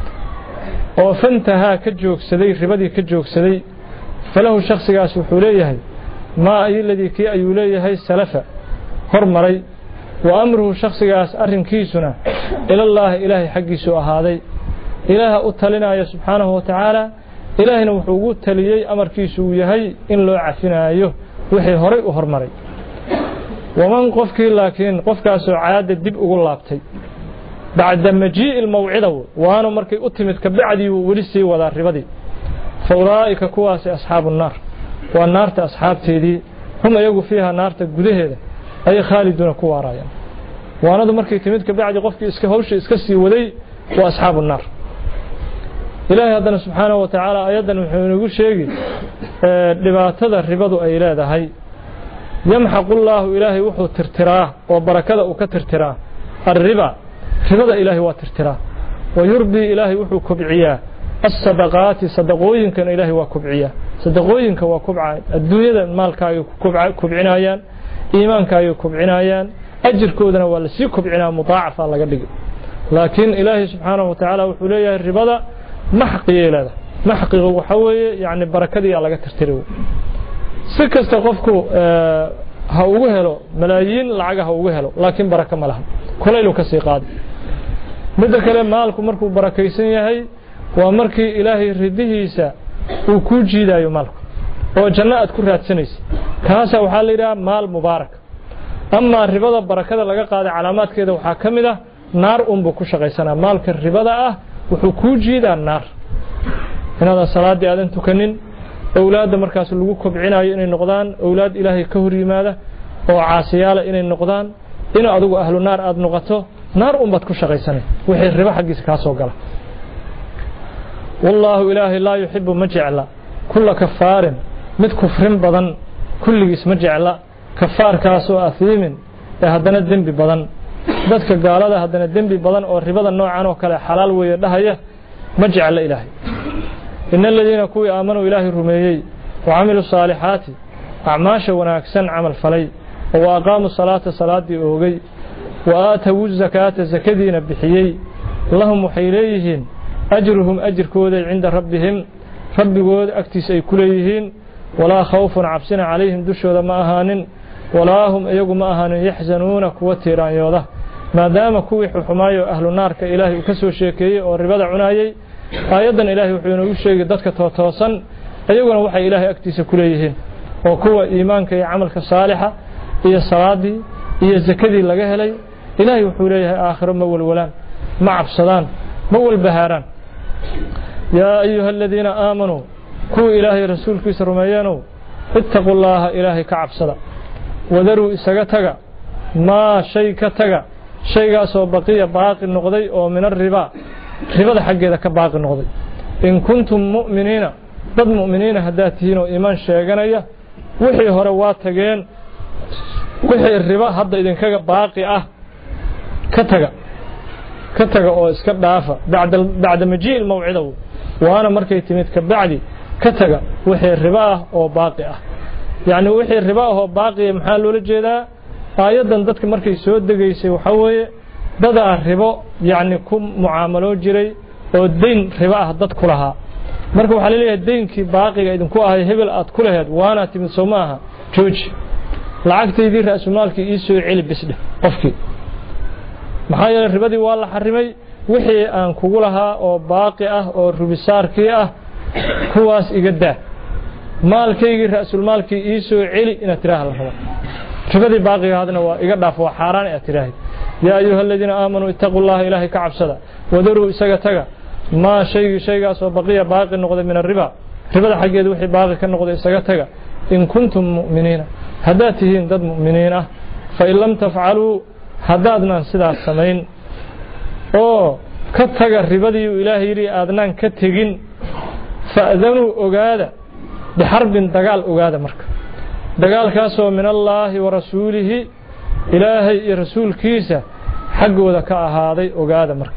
oo fantaha ka joogsaday ribadii ka joogsaday falahu shakhsigaas wuxuu leeyahay ma iladii kii ayuu leeyahay salafa hormaray wa amruhu shakhsigaas arrinkiisuna ila allah ilaahi xaqiisu ahaaday ilaaha u talinaya subhanahu wa ta'ala ilaahina wuxuu ugu taliyay amarkiisu uu yahay in loo cafinaayo wixii horay u hormaray waman qofkii laakiin qofkaas oo caada dib ugu laabtay bacda majii almawcida waana markay u timid ka bacdi uu wali sii wada ribadii fawraa'ika kuwaas asxaabu naar wa naarta asxaabteedii hum ayagu fiiha naarta gudaheeda ay khaaliduna ku waarayaan waanadu markay timid ka bacdi qofkii iska hawsha iska sii waday waa asxaabu naar ilaahay hadana subhanahu wa ta'ala ayadan wuxuu inagu sheegay dhibaatada ribadu ay leedahay yamhaqu Allahu ilaahay wuxuu tirtiraa oo barakada uu ka tirtiraa ar-riba ribada ilaahay waa tirtiraa wa yurbi ilaahay wuxuu kubciyaa as-sadaqaati sadaqooyinkan ilaahay waa kubciyaa sadaqooyinka waa kubcaa adduunyada maalkaaga kubcinayaan iimaankaaga kubcinayaan ajirkoodana waa la sii kubcinaa mudaacafa laga dhigay laakiin ilaahay subhanahu wa ta'ala wuxuu leeyahay ribada maxqiyeelada maxqiga waxa weeye yaani barakadii laga tirtiray si kasta qofku ha ugu helo malaayiin lacag ha ugu helo laakiin baraka ma laha kulayl ka sii qaad midda kale maalku markuu barakaysan yahay waa markii ilaahay ridihiisa uu ku jiidayo maalku oo jannaad ku raadsanaysa kaasa waxa la yiraahdaa maal mubaarak amma ribada barakada laga qaaday calaamaadkeeda waxa kamid ah naar umbu ku shaqaysanaa maalka ribada ah wuxuu ku jiidaa naar inaad salaadii aadan tukanin awlaada markaas lagu kobcinayo inay noqdaan awlaad ilaahay ka hor yimaada oo caasiyaala inay noqdaan in adigu ahlu naar aad noqoto naar umbad ku shaqaysanay wixii riba xaqiis ka soo gala wallahu ilaahi la yuhibbu maj'ala kull kafarin mid kufrin badan kulligiis maj'ala kafaarkaas oo afiimin ee hadana dambi badan dadka gaalada hadana dambi badan oo ribada noocan oo kale xalaal weeye dhahaya maj'ala ilaahi inna alladheena kuwi aamanu ilaahi rumeeyay wa amilu salihati a'maasha wanaagsan amal falay wa aqaamu salata salaadii oogay wa aatawu zakata zakadiina bixiyay lahum waxayleeyihiin ajruhum ajrkooda inda rabbihim rabbigood agtiisa ay kuleeyihiin wala khawfun cabsina calayhim dushooda ma ahaanin wala hum iyagu ma ahaanin yaxzanuuna kuwa tiiraanyooda maadaama kuwii xumaayo ahlu naarka ilaahay ka soo sheekeeyay oo ribada cunaayay ayadan ilaahay wuxuu inoo sheegay dadka tootoosan ayaguna waxay ilaahay agtiisa ku leeyihiin وكوا إيمانك يا عملك صالحة هي صلاتي هي زكدي لغا هلي إلهي وحوليه آخر مول ولان مع بصدان مول بهاران يا أيها الذين آمنوا كو إلهي رسولك سرميانو اتقوا الله إلهي كعب صدا وذروا إساقتك ما شيء كتك شيء سو بقية باقي النقضي أو من الربا ربا حق ذاك باقي النقضي إن كنتم مؤمنين ضد مؤمنين هداتين وإيمان شيئا وحي هروات تجين وحي الربا هذا إذن كجا باقي أه كتك كتك أو إسكت دافع بعد بعد مجيء الموعد وأنا مركي تميت كبعدي كتك وحي الربا أو باقي أه يعني وحي الربا هو باقي محل ولجدا آيادا dadka markay soo degaysay waxa weeye dad ah ribo yani ku mucaamalo jiray oo deyn ribo ah dad ku lahaa marka waxa la leeyahay deynkii baaqiga idin ku ahay hebel aad ku lahayd waana timid Soomaha jooji lacagteedii raasmaalkii ii soo celi bisde qofkii maxaa yeelay ribadii waa la xarimay wixii aan kugu lahaa oo baaqi ah oo rubisaarkii ah kuwaas iga daa maalkeygii raasmaalkii ii soo celi ina tiraahdo ربدي باقي هذا وإقداف وحاران اعتراهي يا أيها الذين آمنوا اتقوا الله إلهي كعب صدا وذروا إساقتك ما شيء شيء سوى بقية باقي النقض من الربا ربدا حقية دوحي باقي كالنقض إساقتك إن كنتم مؤمنين هداتهين ضد مؤمنين فإن لم تفعلوا هدادنا سدا السمين أو كتك الربدي إلهي ري آدنان كتكين فأذنوا أقادة بحرب دقال أقادة مركب دقال كاسو من الله ورسوله إلهي رسول كيسة حق وذكاء هذا وقاد مرك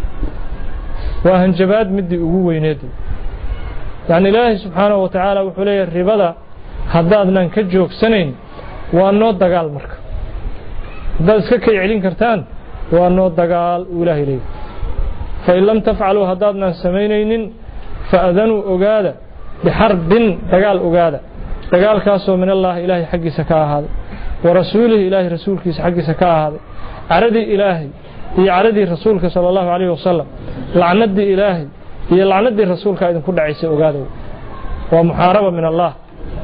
وهنجباد مدي أقوى ينادي يعني الله سبحانه وتعالى وحلي الربا هدادنا نكجوك سنين وأنه دقال مرك دقال سكي يعلين كرتان وأنه دقال إلهي لي فإن لم تفعلوا هدادنا سمينين فأذنوا أقاد بحرب دقال أقاد دقال كاسو من الله إلهي حق سكاء هذا ورسوله إلهي رسولك حق سكاء هذا عردي إلهي هي عردي رسولك صلى الله عليه وسلم لعندي إلهي هي لعندي رسولك إذن كل عيسى وقاده ومحاربة من الله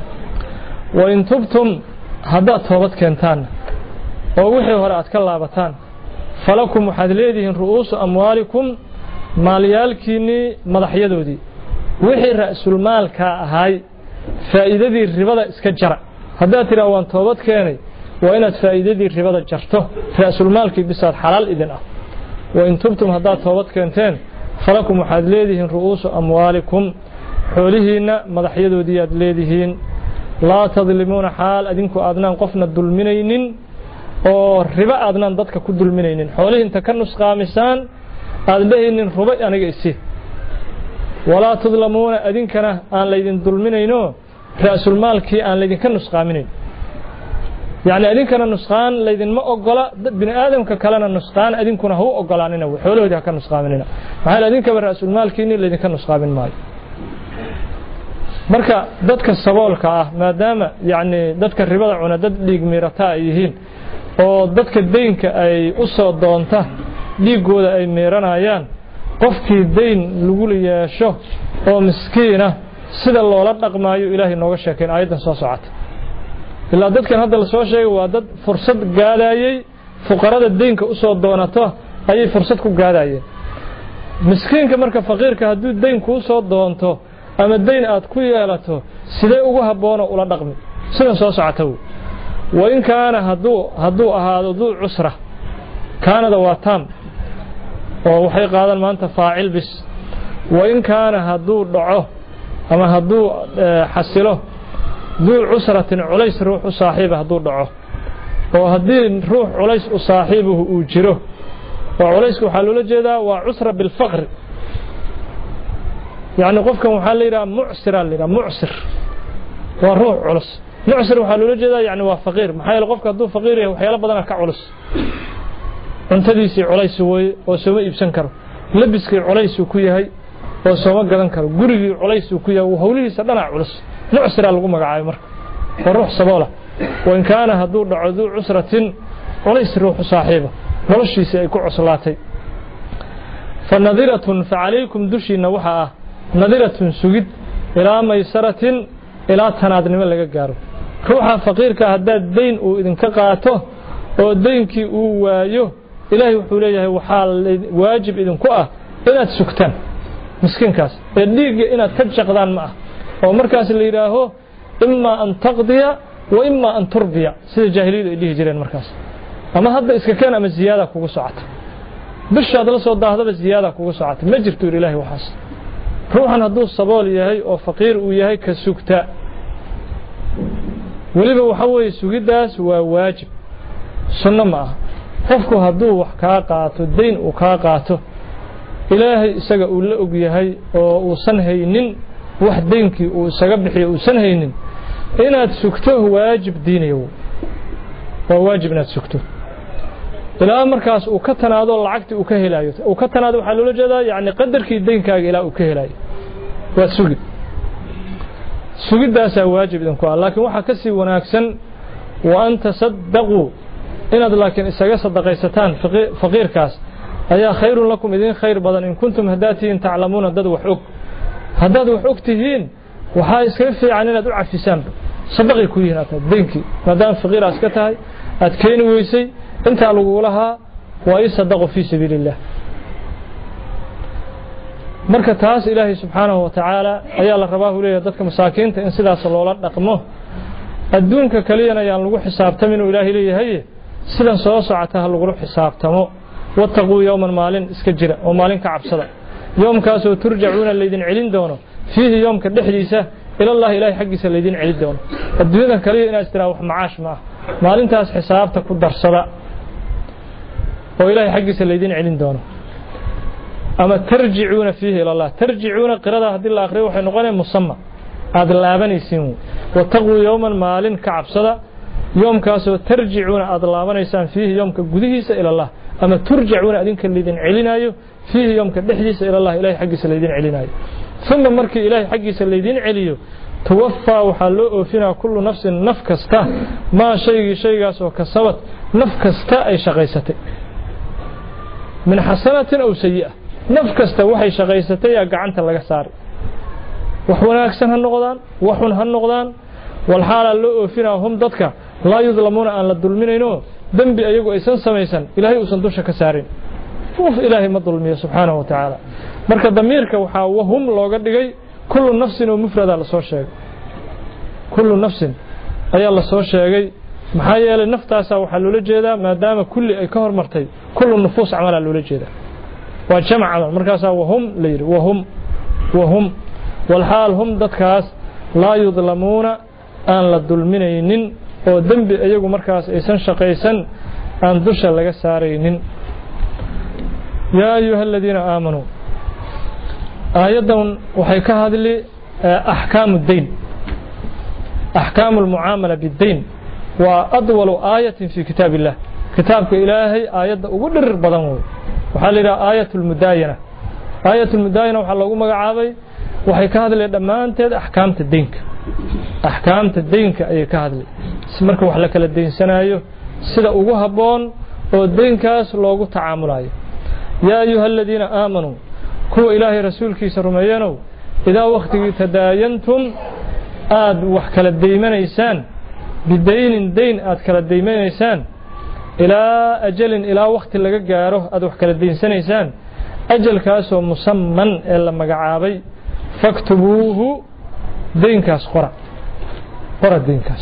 وإن تبتم هذا توبت كنتان ووحي هرأت كلابتان فلكم حدليدهن رؤوس أموالكم ماليالكيني مضحيدو دي وحي رأس المال كهاي فائدتي الربا iska jara hadaa tira waan toobad keenay waa inaad faa'iidadii ribada jarto raasul maalkii bisaad xalaal idin ah wa in tubtum hadaa toobad keenteen falakum waxaad leedihiin ru'uusu amwaalikum xoolihiina madaxyadoodii aad leedihiin laa tadlimuuna xaal adinku aadnaan qofna dulminaynin oo riba aadnaan dadka ku dulminaynin xoolihi inta ka nusqaamisaan aad leeynin ruba aniga isi ولا تظلمون أذنكنا أن ليدن ظلمينينو رأس المال كي أن ليدن كنسقامين يعني أذنكنا نسقان ليدن ما أقلا بن آدم ككلنا نسقان أذنكنا هو أقلاننا وحوله ده كنسقاميننا فهل أذنك برأس المال كي ليدن كنسقامين ماي marka dadka saboolka ah maadaama yani dadka ribada cuna dad dhiig meerata yihiin oo dadka deynka ay u soo doonta dhiigooda ay meeranayaan qofkii deyn lagu yeesho oo miskiina sida loola dhaqmaayo ilaahay nooga sheekeen aayadan soo socota ilaa dadkan hadda la soo sheegay waa dad fursad gaadayay fuqarada deynka u soo doonato ayay fursad ku gaadayeen miskiinka marka faqiirka hadduu deyn ku soo doonto ama deyn aad ku yeelato sidee ugu habboon ula dhaqmi sida soo socota wa in kaana hadduu hadduu ahaado duu cusra kaanada waa taam oo waxay qaadan maanta faacil bis wa in kaana hadduu dhaco ama hadduu xasilo duu cusratin culays ruux u saaxiiba hadduu dhaco oo haddii ruux culays u saaxiibuhu uu jiro oo culaysku waxaa loola jeedaa waa cusra bilfaqr يعني قفكم وحال ليرا معسر ليرا معسر وروح علص معسر وحال لوجدا يعني waa فقير maxay qofka haduu faqir yahay waxyaalo badan ka culus cuntadiisi culays way oo soo iibsan karo labiskii culays ku yahay oo soo gadan karo gurigii culays ku yahay hawlihiisa dhana culus معسر lagu magacaabo marka ruux saboola وان كان haduu dhaco usratin culays ruux saaxiiba noloshiisa ay ku cuslaatay فنظيرة فعليكم دشينا waxa نظيرة سجد إلى ميسرة إلى تنادنم لقى جارو ruuxa faqiirka haddaad dayn uu idinka qaato oo daynkii uu waayo ilaahay wuxuu leeyahay waxaa waajib idinku ah inaad sugtaan miskiinkaas ee dhiigga inaad ka jaqdaan ma ah oo markaas la yiraaho imma an taqdiya wa imma an turbiya sida jaahiliyadu ay dhihi jireen markaas ama hadda iska keen ama ziyaada kugu socota bishaad la soo daahdaba ziyaada kugu socota ma jirto ilaahay waxaas ruuxan hadduu sabool yahay oo faqiir uu yahay ka sugta waliba waxa weeye sugidaas waa waajib sunno ma ah qofku hadduu wax kaa qaato dayn uu kaa qaato ilaahay isaga uu la og yahay oo uusan haynin wax daynkii uu isaga bixiyo uusan haynin inaad sugto waajib diinayo waa waajib inaad sugto ilaa markaas uu ka tanaado lacagtii uu ka helayo uu ka tanaado waxa loo jeedaa yaani qadarkii daynkaaga ilaa uu ka helayo waa sugid sugidaas waajib idinku ah laakiin waxa ka sii wanaagsan wa anta saddaqu inaad laakiin isaga sadaqaysataan faqiirkaas ayaa khayrun lakum idin khayr badan in kuntum hadaatiin ta'lamuuna dad wax og hadaad wax og tihiin waxa iska fiican inaad u cafisaan sadaqi ku yihiin daynkii maadaama faqiiraas ka tahay aad keen weysay inta lagu lahaa waa i sadaqo fi sabilillah marka taas ilaahay subhanahu wa ta'ala ayaa la rabaa u leeyahay dadka masaakiinta in sidaas loola dhaqmo adduunka kaliyana ayaan lagu xisaabtamin oo ilaahay leeyahay sidan soo socota lagu xisaabtamo wattaqu yawman maalin iska jira oo maalin ka cabsada yoomkaas oo turjacuuna leedin celin doono fihi yoomka dhexdiisa ila Allah ilaahay xaqiisa leedin celin doono adduunyada kaliya inaad istiraax wax macaash ma maalintaas xisaabta ku darsada oo ilaahay xaqiisa leedin celin doono ama tarjicuuna fihi ila Allah tarjicuuna qirada hadii la akhriyo waxay noqonaysaa musamma aad laabanaysiin wattaqu yawman maalin ka cabsada yoomkaas oo tarjicuuna aad laabanaysaan fihi yoomka gudihiisa ila Allah ama turjacuuna adinka leedin celinayo fihi yoomka dhexdiisa ila Allah ilaahay xaqiisa leedin celinayo thumma markii ilaahay xaqiisa leedin celiyo توفى وحلو أوفينا كل نفس نفكستا ما شيء شيء سو كسبت نفكستا أي شقيستي من حسنة أو سيئة نفكستا وحي شقيستي قعنت لغا سار وحونا أكسن هالنقضان وحون هالنقضان والحالة اللو أوفينا هم ضدك لا يظلمون أن للظلمينينو ذنبي أيقو إيسان سميسان إلهي أسندوش كسارين وف إلهي ما الظلمية سبحانه وتعالى مركز ضميرك وحا وهم لو قد كل نفس ومفردة لسو شيء كل نفس أي الله سو شيء maxaa yeelay naftaasa waxa loo jeedaa maadaama kulli ay ka hormartay kullu nufus amala loo jeedaa waa jamac amal markaas wahum leeyr wahum wahum wal hal hum dadkaas la yudlamuna aan la dulminaynin oo dambi ayagu markaas aysan shaqaysan aan dusha laga saaraynin yaa ayyuhalladina aamanu aayadan waxay ka hadli ahkaamud dayn ahkaamul muamala bid-dayn وأطول آية في كتاب الله كتابك إلهي آية أقدر بدن وحال إلى آية المداينة آية المداينة وحال الله مقعابي وحي كهذا لدمان تد أحكام الدينك أحكام الدينك أي كهذا سمرك وحلك للدين سنايو سيدا أقوها بون والدينكاس لوغو تعامل آيه يا أيها الذين آمنوا كو إلهي رسولك سرميانو إذا وقت تداينتم آد وحكال الديمان إيسان بدين دين أذكر الديمين إنسان إلى أجل إلى وقت اللي جاره أذكر الدين سنة إنسان أجل كاسو مسمى إلا مجعابي فاكتبوه دين كاس قرأ قرأ الدين كاس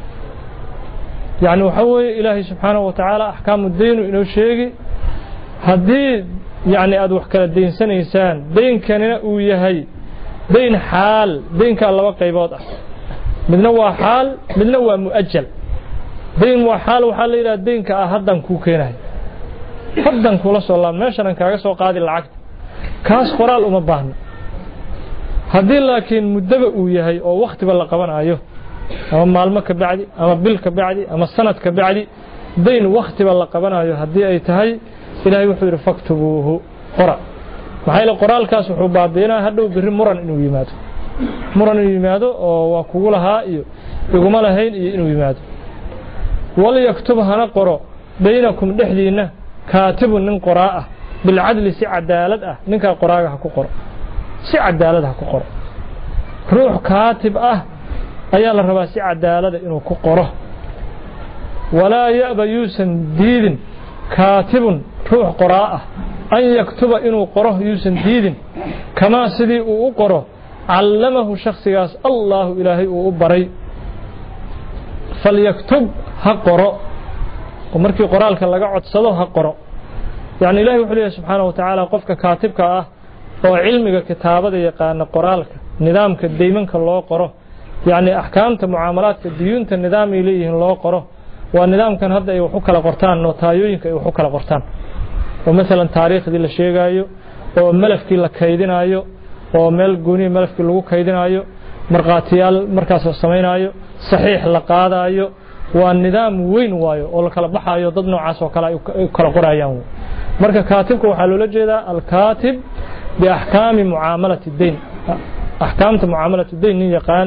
يعني وحوي إلهي سبحانه وتعالى أحكام الدين وإنه شيء هدي يعني أذكر الدين سنة إنسان دين كان ويهي دين حال دين كان الله وقيباض midna waa xaal midna waa muajjal deen waa xaal waxa la yiraahdaa deenka ah hadan ku keenay hadan kula soo laab meeshan kaaga soo qaadi lacag kaas qoraal uma baahna hadii laakiin mudaba uu yahay oo waqtiba la qabanayo ama maalmo ka bacdi ama bil ka bacdi ama sanad ka bacdi deen waqtiba la qabanayo hadii ay tahay ilaahay wuxuu yiri faktubuhu qora maxay la qoraalkaas wuxuu baabiinaa hadhow biri muran inuu yimaado muran yimaado oo waa kugu lahaa iyo iguma lahayn iyo inuu yimaado wal yaktub hana qoro baynakum dhexdiina kaatibun nin qoraa bil adli si cadaalad ah ninka qoraaga ha ku qoro si cadaalad ha ku qoro ruux kaatib ah أيا الرباسي عدالة إنه كقره ولا يأبى يوسن ديد كاتب روح قراءة أن يكتب إنه قره يوسن ديد كما سدي وقره علمه شخص ياس الله إلهي وأبري فليكتب هقرأ ومركي قرالك لقى عدسده هقرأ يعني إلهي وحليه سبحانه وتعالى قفك كاتبك أه وعلمك كتابة يقان قرالك نظامك دايماً الله قره يعني أحكامت معاملات الديون النظام إليه الله قره والنظام كان هذا يوحوك لقرطان نوتايوينك يوحوك لقرطان ومثلا تاريخ دي للشيء أيو وملفك لكيدين أيو وملك قوني ملفك لغو كيدين أيو مرقاتيال مركز السمين أيو صحيح لقاada ayo waa nidaam weyn waayo oo la kala baxayo dad noocaas oo kala kala qorayaan marka kaatibku waxa loo jeedaa al kaatib bi ahkaam muamalat ad-dayn ahkaamta muamalat ad-dayn yaqaan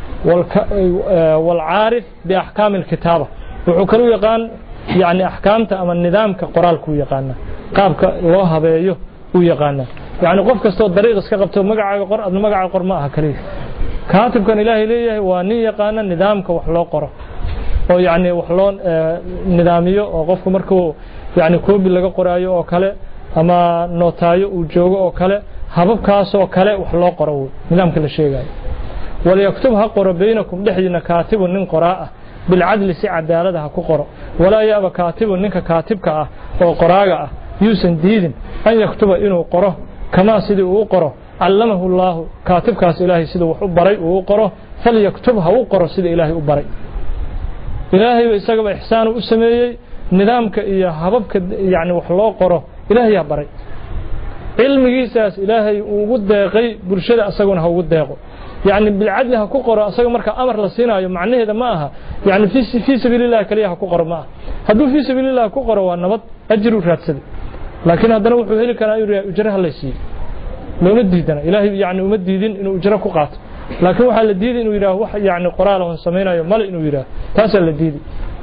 wal aarif bi ahkaam al-kitaba wuxuu kale yaqaan yani ahkaamta ama nidaamka qoraalku yaqaana qaabka loo habeeyo uu yaqaana yani qof kasto dariiq iska qabto magacaaga qor adna magacaaga qor ma aha kaliya كاتب كان إلهي ليه واني يقانا نظامك وحلو قره أو يعني وحلو نظاميه أو قفك مركو يعني كوب اللي قرايه أو كله أما نوتايه وجوه أو كله هبب كاس أو كله وحلو قره نظام كل شيء جاي وليكتبها قر بينكم لحدنا كاتب من قراءة بالعدل سعة دارها كقرأ ولا يأبى كاتب منك كاتبك أو قراءة يوسن ديد أن يكتب إنه قره كما سيد وقره علمه الله كاتب كاس إلهي سيده وحبري وقره فليكتبها وقره سيده إلهي وبري إلهي وإساقب إحسانه وسميه نظامك إياه هببك يعني وحلو قره إلهي بري علم جيساس إلهي وقد داقي برشادة أساقون هو قد داقو يعني بالعدل هكو قره أساق مركا أمر لسينا معنى هذا معها يعني في في سبيل الله كليه هكو قره معها هدو في سبيل الله هكو قره والنبط أجر وفراتسد لكن هذا نوحو هيلي كان يجرها الله يسير لو نديدنا إلهي يعني ومديدين إنه أجره قات لكن واحد الديد إنه يراه واحد يعني قراله سمينا يوم مال إنه يراه تاسع الديد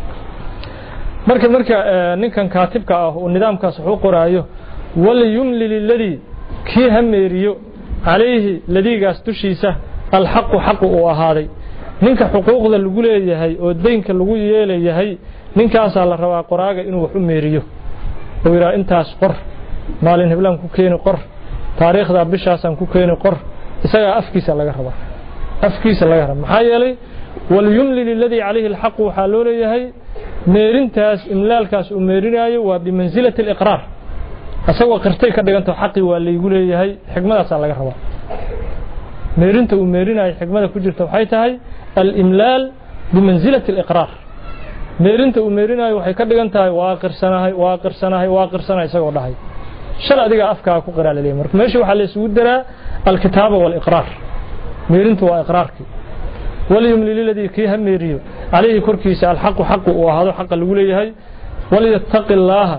مركب مركب نكن كاتبك والنظام كصحو قرايه ولا يملي للذي كي هم يريو عليه الذي قاس تشيسه الحق حق وهذا نك حقوق ذا اللي يقوله يهي والدين كاللي يقوله يهي نك أسأل الروا قراءة إنه حم يريو ويرى أنت أسقر مال إنه كوكين قر تاريخ ذا بشاسن كوكين قر isaga afkiisa laga raba afkiisa laga raba maxaa yeelay wal yumli lilladhi alayhi alhaq waxa loo leeyahay meerintaas imlaalkaas uu meerinayo waa bi manzilati aliqrar asagoo qirtay ka dhiganto xaqi waa leeygu leeyahay xigmadaas laga raba meerinta uu meerinayo xigmada ku jirta waxay tahay al-imlal bi manzilati aliqrar meerinta uu meerinayo waxay ka dhigan tahay waa qirsanahay waa qirsanahay waa qirsanahay isagoo dhahay شل أديك أفكار كقراء لليوم ماشي وحل يسود درا الكتابة والإقرار ميرنت وإقرارك وليملي الذي كيه ميريو عليه كركيس الحق حق وهذا حق اللي يقوله هي وليتق الله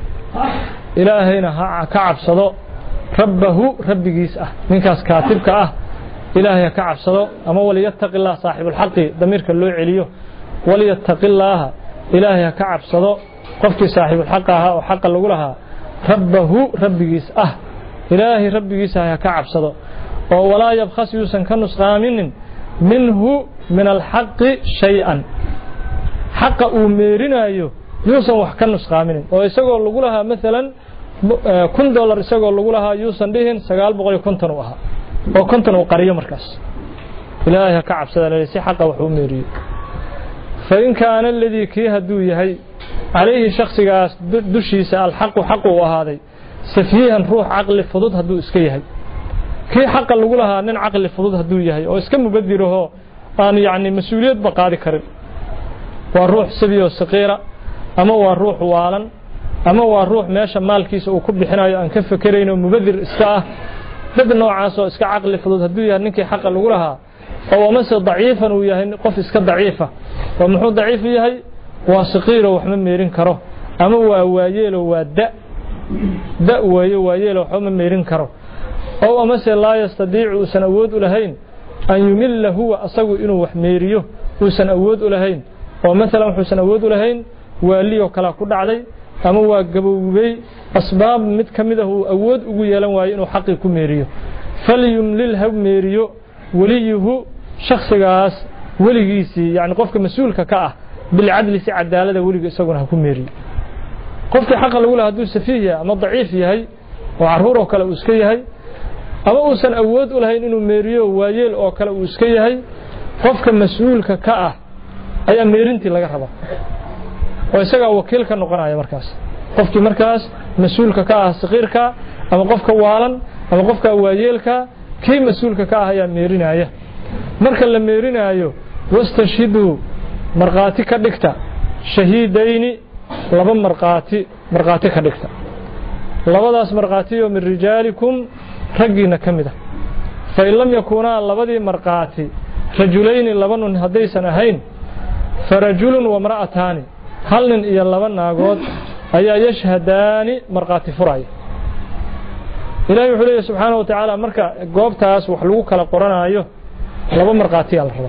إلهينا كعب صدق ربه رب جيس أه من كاس كاتبك أه إلهي كعب صدق أما وليتق الله صاحب الحق ضميرك اللي عليه وليتق الله إلهي كعب صدق قفك صاحب الحق أه وحق اللي يقولها ربه ربجيس أه إلهي ربجيس هيا كعب صدق ولا يبخس يوسن كنسقامين منه من الحق شيئا حق أميرنا يو يوسن وحكا نسقامين ويساقوا اللي قولها مثلا كن دولار يساقوا اللي قولها يوسن ديهن سقال بغي كنتنوها وكنتنو قرية مركز إلهي كعب صدق ليسي حق وحو أميري فإن كان الذي كيها دوي هي عليه شخص دشي سأل حق حقه وهذا سفيها روح عقل فضود هدو اسكيه كي حق اللي يقولها نن عقل فضود هدو يهي او اسكم مبدره ان يعني مسؤوليات بقادي كرب والروح سبيه صغيره اما والروح والن اما والروح ماشا مالكيس او كبخينايو ان كفكرينو مبدر اسكا dad noocaas oo iska aqli fudud haduu yahay ninkii xaq lagu lahaa oo mase daciifan uu yahay qof iska daciifa oo muxuu daciif yahay waa saqiiro wax ma meerin karo ama waa waayeelo waa da da waayo waayeelo wax ma meerin karo oo ama se la yastadiicu san awood u lahayn an yumilla huwa asagu inuu wax meeriyo uu san awood u lahayn oo mesela wuxuu san awood u lahayn waaliyo kala ku dhacday ama waa gabowbay asbaab mid kamida uu awood ugu yeelan waayo inuu xaqi ku meeriyo falyumlil ha meeriyo waliyuhu shakhsigaas وليسي يعني قفك مسؤول كأه بالعدل سي عدالة ولي يسقون هكون ميري قفك حق الأولى هدو سفيه أما ضعيف يهي وعروره كلا وسكيه هي أما أوسن أود ولا هي إنه ميريو وايل أو كلا وسكيه هي قفك مسؤول كأه أي ميرنتي لقى حبا ويسقى وكيل كنقرأ يا مركز قفك مركز مسؤول كأه صغير كا أما قفك والا أما قفك وايل كا كي مسؤول كأه يا ميرين أيه مركز لما ميرين أيه واستشهدوا مرقاتي كدكتا شهيدين لبا مرقاتي مرقاتي كدكتا لبداس مرقاتي من رجالكم رجينا كمده فإن لم يكونا لبدي مرقاتي رجلين لبن هديسن أهين فرجل وامرأتان هل إيا لبن ناقود أي يشهدان مرقاتي فراي إلهي وحليه سبحانه وتعالى مركا قوب تاس وحلوك لقرآن أيوه لبا مرقاتي الرضا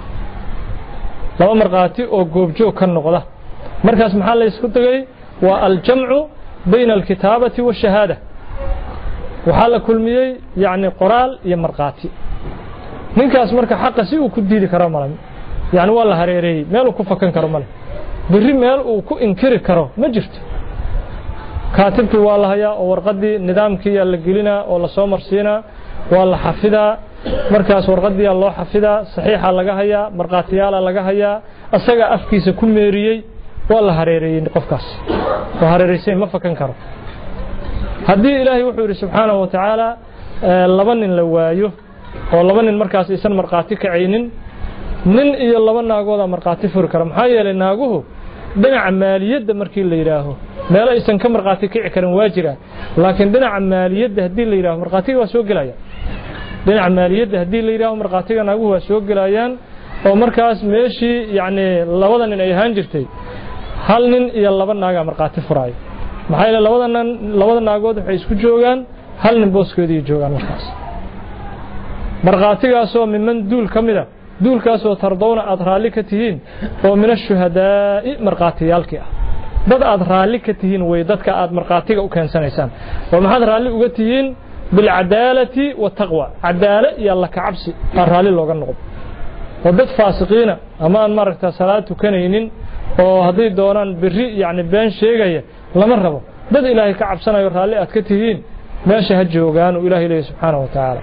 لبا مرقاتي أو قوب جو كالنقضة مركز محل يسكتغي والجمع بين الكتابة والشهادة وحال كل مية يعني قرال يا مرقاتي ninkaas marka xaq si uu ku diidi karo malan yani wala hareeray meel uu ku fakan karo malan bari meel uu ku inkiri karo ma jirto kaatibki waa la hayaa oo warqadii nidaamkii la gelina oo la soo marsiina waa la xafidaa markaas warqadii loo xafidaa saxiixa laga hayaa marqaatiyaal laga hayaa asaga afkiisa ku meeriyay waa la hareeray qofkaas oo hareeraysan ma fakan karo hadii ilaahay wuxuu yiri subhanahu wa ta'ala laba nin la waayo oo laba nin markaas isan marqaati ka ceynin nin iyo laba naagooda marqaati fur kara maxaa yeelay naaguhu dhinaca maaliyadda markii la yiraaho meel aysan ka marqaati kici karin waa jira laakiin dhinaca maaliyadda hadii la yiraaho marqaatiga waa soo galaya dhinaca maaliyadda hadii la yiraaho marqaatiga naaguhu waa soo galayaan oo markaas meeshii yaani labada nin ay ahaan jirtay hal nin iyo laba naaga marqaati furaay maxaa yeelay labada nin labada naagood waxay isku joogan hal nin booskeedii joogan markaas marqaatigaasoo miman duul kamida duulkaasoo tardowna aad raali ka tihiin oo min ashuhadaa'i marqaatiyaalkii ah dad aad raali ka tihiin way dadka aad marqaatiga u keensanaysaan oo maxaad raali uga tihiin bilcadaalati wattaqwa cadaala iyo alla ka cabsi aan raali looga noqdo oo dad faasiqiina ama aan maaragta salaad tukanaynin oo haddii doonaan biri yani been sheegaya lama rabo dad ilaahay ka cabsanayo raali aad ka tihiin meesha ha joogaan oo ilaahay leeyahay subxaanahu wa tacaala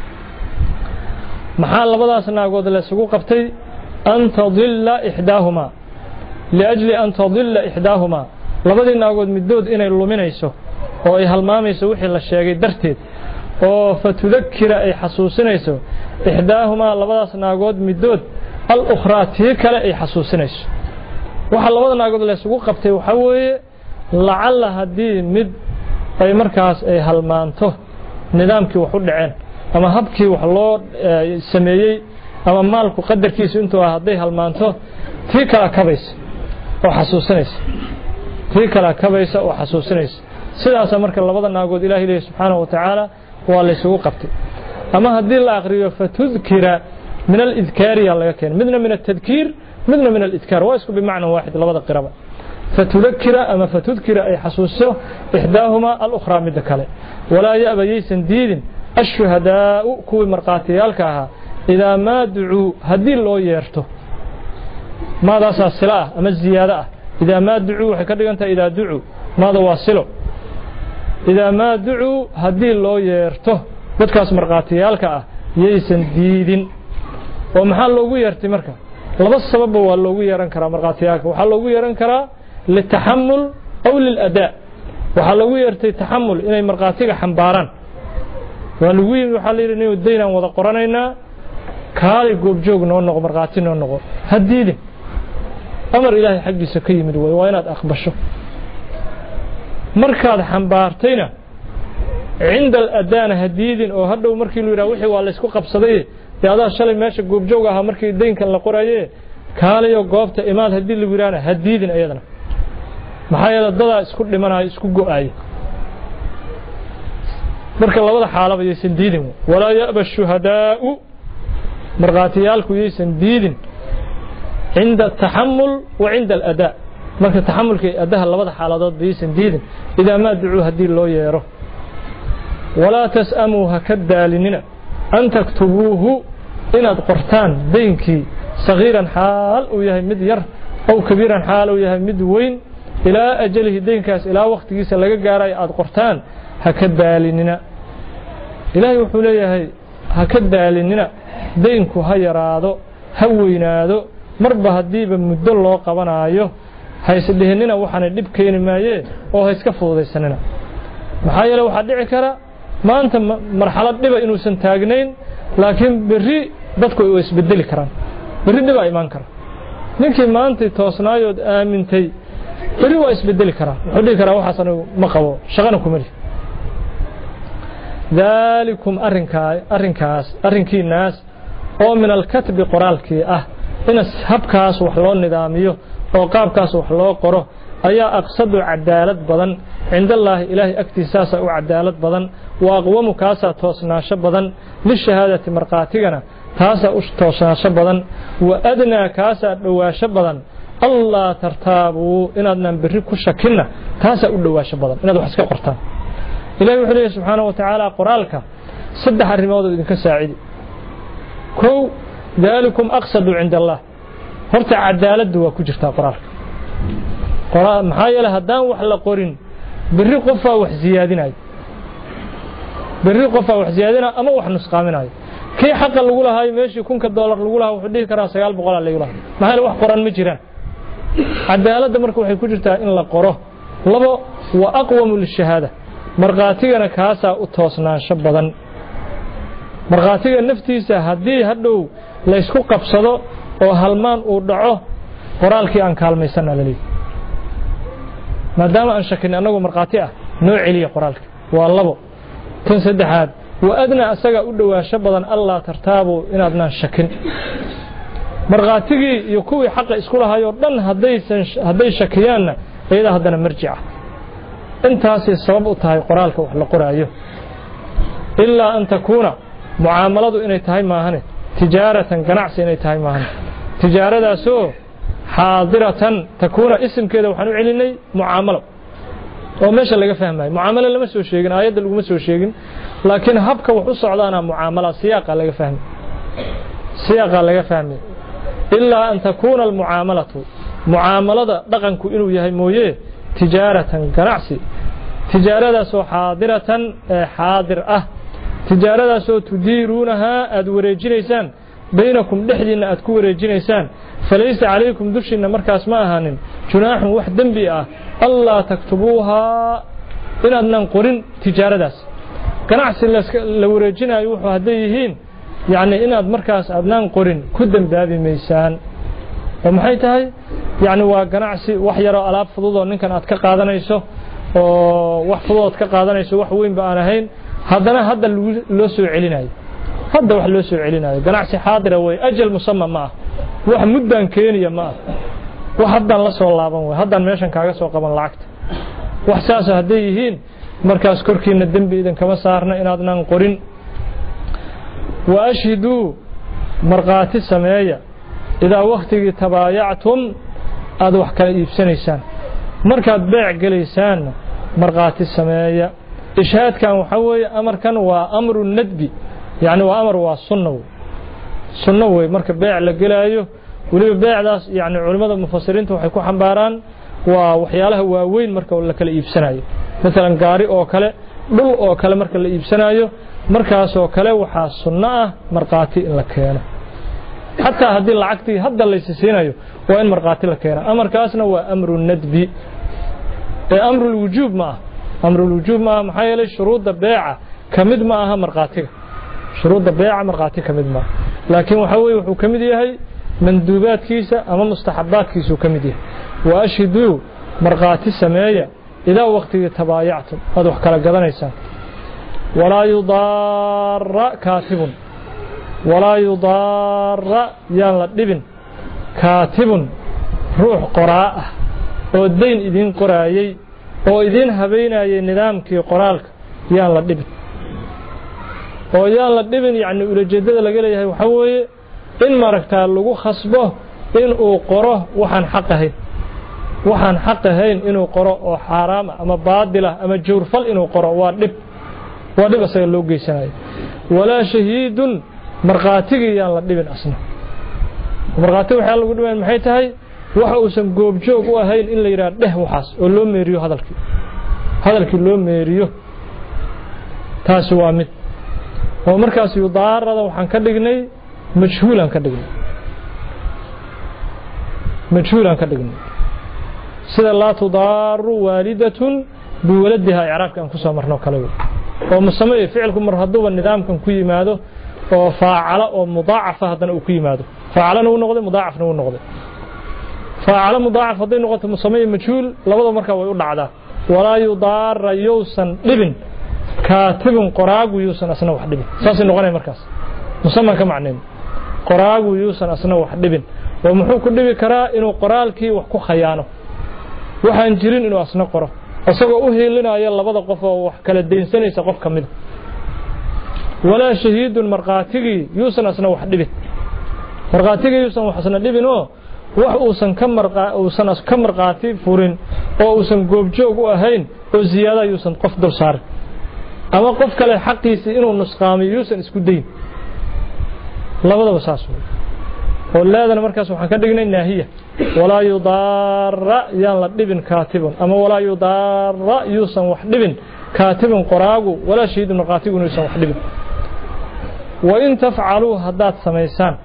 maxaa labadaas naagood la isugu qabtay an tadilla ihdaahuma liajli an tadilla ihdaahuma labadii naagood midood inay luminayso oo ay halmaamayso wixii la sheegay darteed oo fatudakira ay xasuusinayso ihdaahuma labadaas naagood midood al ukhraati kale ay xasuusinayso waxa labada naagood la isugu qabtay waxa weeye lacalla hadii mid ay markaas ay halmaanto nidaamkii wax u dhaceen ama habkii wax loo sameeyay ama maalku qadarkiisu intuu ah haday halmaanto tii kala kabaysa oo xasuusinaysa tii kala kabaysa oo xasuusinaysa sidaas marka labada naagood ilaahay leeyahay subhanahu wa ta'ala waa la isugu qabtay ama hadii la aqriyo fatudkira min al-idhkar ya laga keen midna min at-tadhkir midna min al-idhkar waa isku bimaana waahid labada qiraba فتذكر أما فتذكر أي حسوسه إحداهما الأخرى من ذكاله ولا يأبى يسن دين الشهداء كوي مرقاتيالكها إذا ما دعوا هدي الله يرته ماذا سلسلة أما الزيادة إذا ما دعوا حكرا أنت إذا دعوا ماذا واصله إذا ما دعوا هدي الله يرته بدكاس مرقاتيالكها يسن دين ومحل الله يرتي مركا لبس سبب هو الله يرنكرا مرقاتيالك وحل الله يرنكرا للتحمل أو للأداء وحلوي يرتي تحمل إني مرقاتيك حنباران ولوي وحلير إنه الدينا وذا قرانينا كالي قوب جوغ نونغو مرقاتين نونغو هديدي أمر إلهي حقي سكي مدوي وينات أخبشه مركاد حنبارتينا عند الأداء هديدين أو هدو مركي لو يراوحي وعلى اسكو قبصدي هذا شلي ماشي قوب جوغها مركي الدين كان لقرايه كالي قوبتا إماد هدي اللي ويرانا هديدين أيضا maxaa yeelay dad isku dhimanay isku go'ay marka labada xaalaba aysan diidin wala yaba shuhadaa marqaatiyalku aysan diidin inda tahammul wa inda al-ada marka tahammulka adaha labada xaaladood aysan diidin ida ma ducu hadii loo yeero wala tasamu hakadaalinina an taktubuhu inaad qortaan beenki صغيرا حال وياه مد ير أو كبيرا حال وياه مد وين إلى أجله دين كاس إلى وقت جيس لقى جاري أد قرتان هكذا لننا إلهي وحوليه هكذا لننا دينكو هاي رادو هوينادو مربى هديب مد الله قبنا أيه هيسدهننا وحنا دب كين مايه أو هيسكفوا ذي السنة محايا لو حد عكرا ما أنت مرحلة دبا إنه سنتاجنين لكن بري بدكوا يسبدل كران بري دبا إيمان كران لكن ما أنت توصنايود آمنتي بري ويسبدل كران حدي كرا وحسن مقبو شغلكم لي ذلكم أرنكاي أرنكاس أرنكي الناس أو من الكتب قرالك أه إن هبكاس وحلون نظاميه أو قابكاس وحلو قره أيا أقصد عدالة بدن عند الله إلهي اكتساسا وعدالة بدن وأقوم كاسا توسناش بدن للشهادة مرقاتنا تاسا توسناش بدن وأدنى كاسا دواش بدن الله ترتابوا إن أدنا بريك شكلنا تاسا دواش بدن إن أدوا حسك قرطان إلهي وحده سبحانه وتعالى قرالك صدح الرماد إنك ساعدي كو ذلكم أقصد عند الله horta cadaaladu waa ku jirtaa quraanka quraan maxaa yeelay hadaan wax la qorin bari qofa wax ziyaadinay bari qofa wax ziyaadina ama wax nusqaaminayo kii xaq lagu lahaay meeshii kunka dollar lagu lahaa wuxuu dhigi karaa sagaal boqol lagu lahaa maxaa wax qoran ma jiraan cadaalada marka waxay ku jirtaa in la qoro labo wa aqwamu lishahada marqaatigana kaasa u toosnaansho badan marqaatiga naftiisa hadii hadhow la isku qabsado oo halmaan uu dhaco qoraalkii aan kaalmaysan alali maadaama aan shakin anagu marqaati ah noo celiya qoraalka waa labo tan saddexaad wa adna asaga u dhawaasho badan Allah tartaabo inaadna shakin marqaatigii iyo kuwii xaq isku lahayo dhan hadaysan haday shakiyaanna ayada hadana marji'a intaas sabab u tahay qoraalka wax la qoraayo illa an takuna muaamaladu inay tahay maahane tijaaratan ganacsi inay tahay maahan tijaaradaasoo xaadiratan takuuna ismkeeda waxaan u celinay mucaamalo oo meesha laga fahmayo mucaamalo lama soo sheegin aayada lagu ma soo sheegin laakiin habka wax u socdaana mucaamala siyaaqa laga fahmay siyaaqa laga fahmay illa an takuuna almuaamalatu muaamalada dhaqanku inuu yahay mooyee tijaaratan ganacsi tijaaradaasoo xaadiratan xaadir ah tijaaradaasoo tudiiruunaha aad wareejinaysaan baynakum dhexdiina aad ku wareejinaysaan falaysa calaykum dushiina markaas ma ahaanin junaaxun wax dembi ah allaa taktubuuha inaadnan qorin tijaaradaas ganacsi la wareejinayo wuxuu hadday yihiin yani inaad markaas aadnaan qorin ku dembaabi maysaan oo maxay tahay yani waa ganacsi wax yaroo alaab fududoo ninkan aad ka qaadanayso oo wax fududood ka qaadanayso wax weynba aan ahayn haddana hadda loo soo celinayo hadda wax loo soo celinayo ganacsi xaadira way ajal musamma ma wax muddan keeniya ma wax haddan la soo laaban way haddan meeshan kaaga soo qaban lacagta wax saas haday yihiin markaas korkiina dambi idan kama saarna inaadnan qorin wa ashhidu marqaati sameeya ida waqtigi tabaayactum aad wax kala iibsanaysaan markaad beec galeysaan marqaati sameeya إشهاد كان وحوي أمر كان وأمر الندب يعني وأمر وسنة سنة مركب بيع لقلايه ولي بيع داس يعني علماء المفسرين توحيكوا حنباران وحياله وين مركب ولا كلا يبسنايه مثلا قارئ أو كلا دل أو كلا مركب اللي يبسنايه مركز أو كلا وحاس سنة مرقاتي لكينا حتى هذه العقدي هذا اللي يسينايه وين مرقاتي لكينا أمر كاسنا وأمر الندب أمر الوجوب معه أمر الوجوب ما محايل شروط البيعة كمد معها مرقاتك شروط البيعة مرقاتك كمد معها لكن وحوي وكمديه هي مندوبات كيسة أما مستحبات كيسة كمديه وأشهدوا مرقات السماية إذا وقت تبايعتم هذا وحكى قدنا إنسان ولا يضار كاتب ولا يضار يلا ابن كاتب روح قراءة والدين إذن قرائي oo idin habeenayay nidaamkii qoraalka yaan la dhibin oo yaan la dhibin yaani ujeedada laga leeyahay waxa weeye in maragtaa lagu khasbo in uu qoro waxaan xaq ahayn waxaan xaq ahayn inuu qoro oo xaraam ama baadil ama jawrfal inuu qoro waa dhib waa dhib asaga loo geysanayo wala shahiidun marqaatiga yaan la dhibin asna marqaati waxa lagu dhawaan maxay tahay waxa uu san goob joog u ahayn in la yiraahdo dheh waxaas oo loo meeriyo hadalkii hadalkii loo meeriyo taas waa mid oo markaas yudaarada waxaan ka dhignay majhuulan ka dhignay majhuulan ka dhignay sida la tudaaru waalidatun biwaladiha i'raabka aan ku soo marno kale oo musamay ficilku mar haduba nidaamkan ku yimaado oo faacala oo mudaacafa hadana uu ku yimaado faacalana uu noqday mudaacafna uu noqday faacala mudaacaf haday noqoto musamay majhuul labada marka way u dhacdaa walaa yudaara yusan dhibin kaatibun qoraagu yusan asna wax dhibin saasi noqonay markaas musamman ka macneen qoraagu yusan asna wax dhibin oo muxuu ku dhibi karaa inuu qoraalkii wax ku khayaano waxaan jirin inuu asna qoro asagoo u heelinaya labada qof oo wax kala deynsanaysa qof kamid wala shahiidun marqaatigi yusan asna wax dhibin marqaatigi yusan wax asna dhibin oo wax uusan ka marqaa uusan as ka marqaati furin oo uusan goob joog u ahayn oo ziyaada yusan qof dul saar ama qof kale xaqiisa inuu nusqaamiyo yusan isku dayn labadaba saas oo leedana markaas waxaan ka dhignay naahiya wala yudaara yaan la dhibin kaatibun ama wala yudaara yusan wax dhibin kaatibun qoraagu wala shahiidun marqaatigu yusan wax dhibin wa in tafcalu hadat samaysan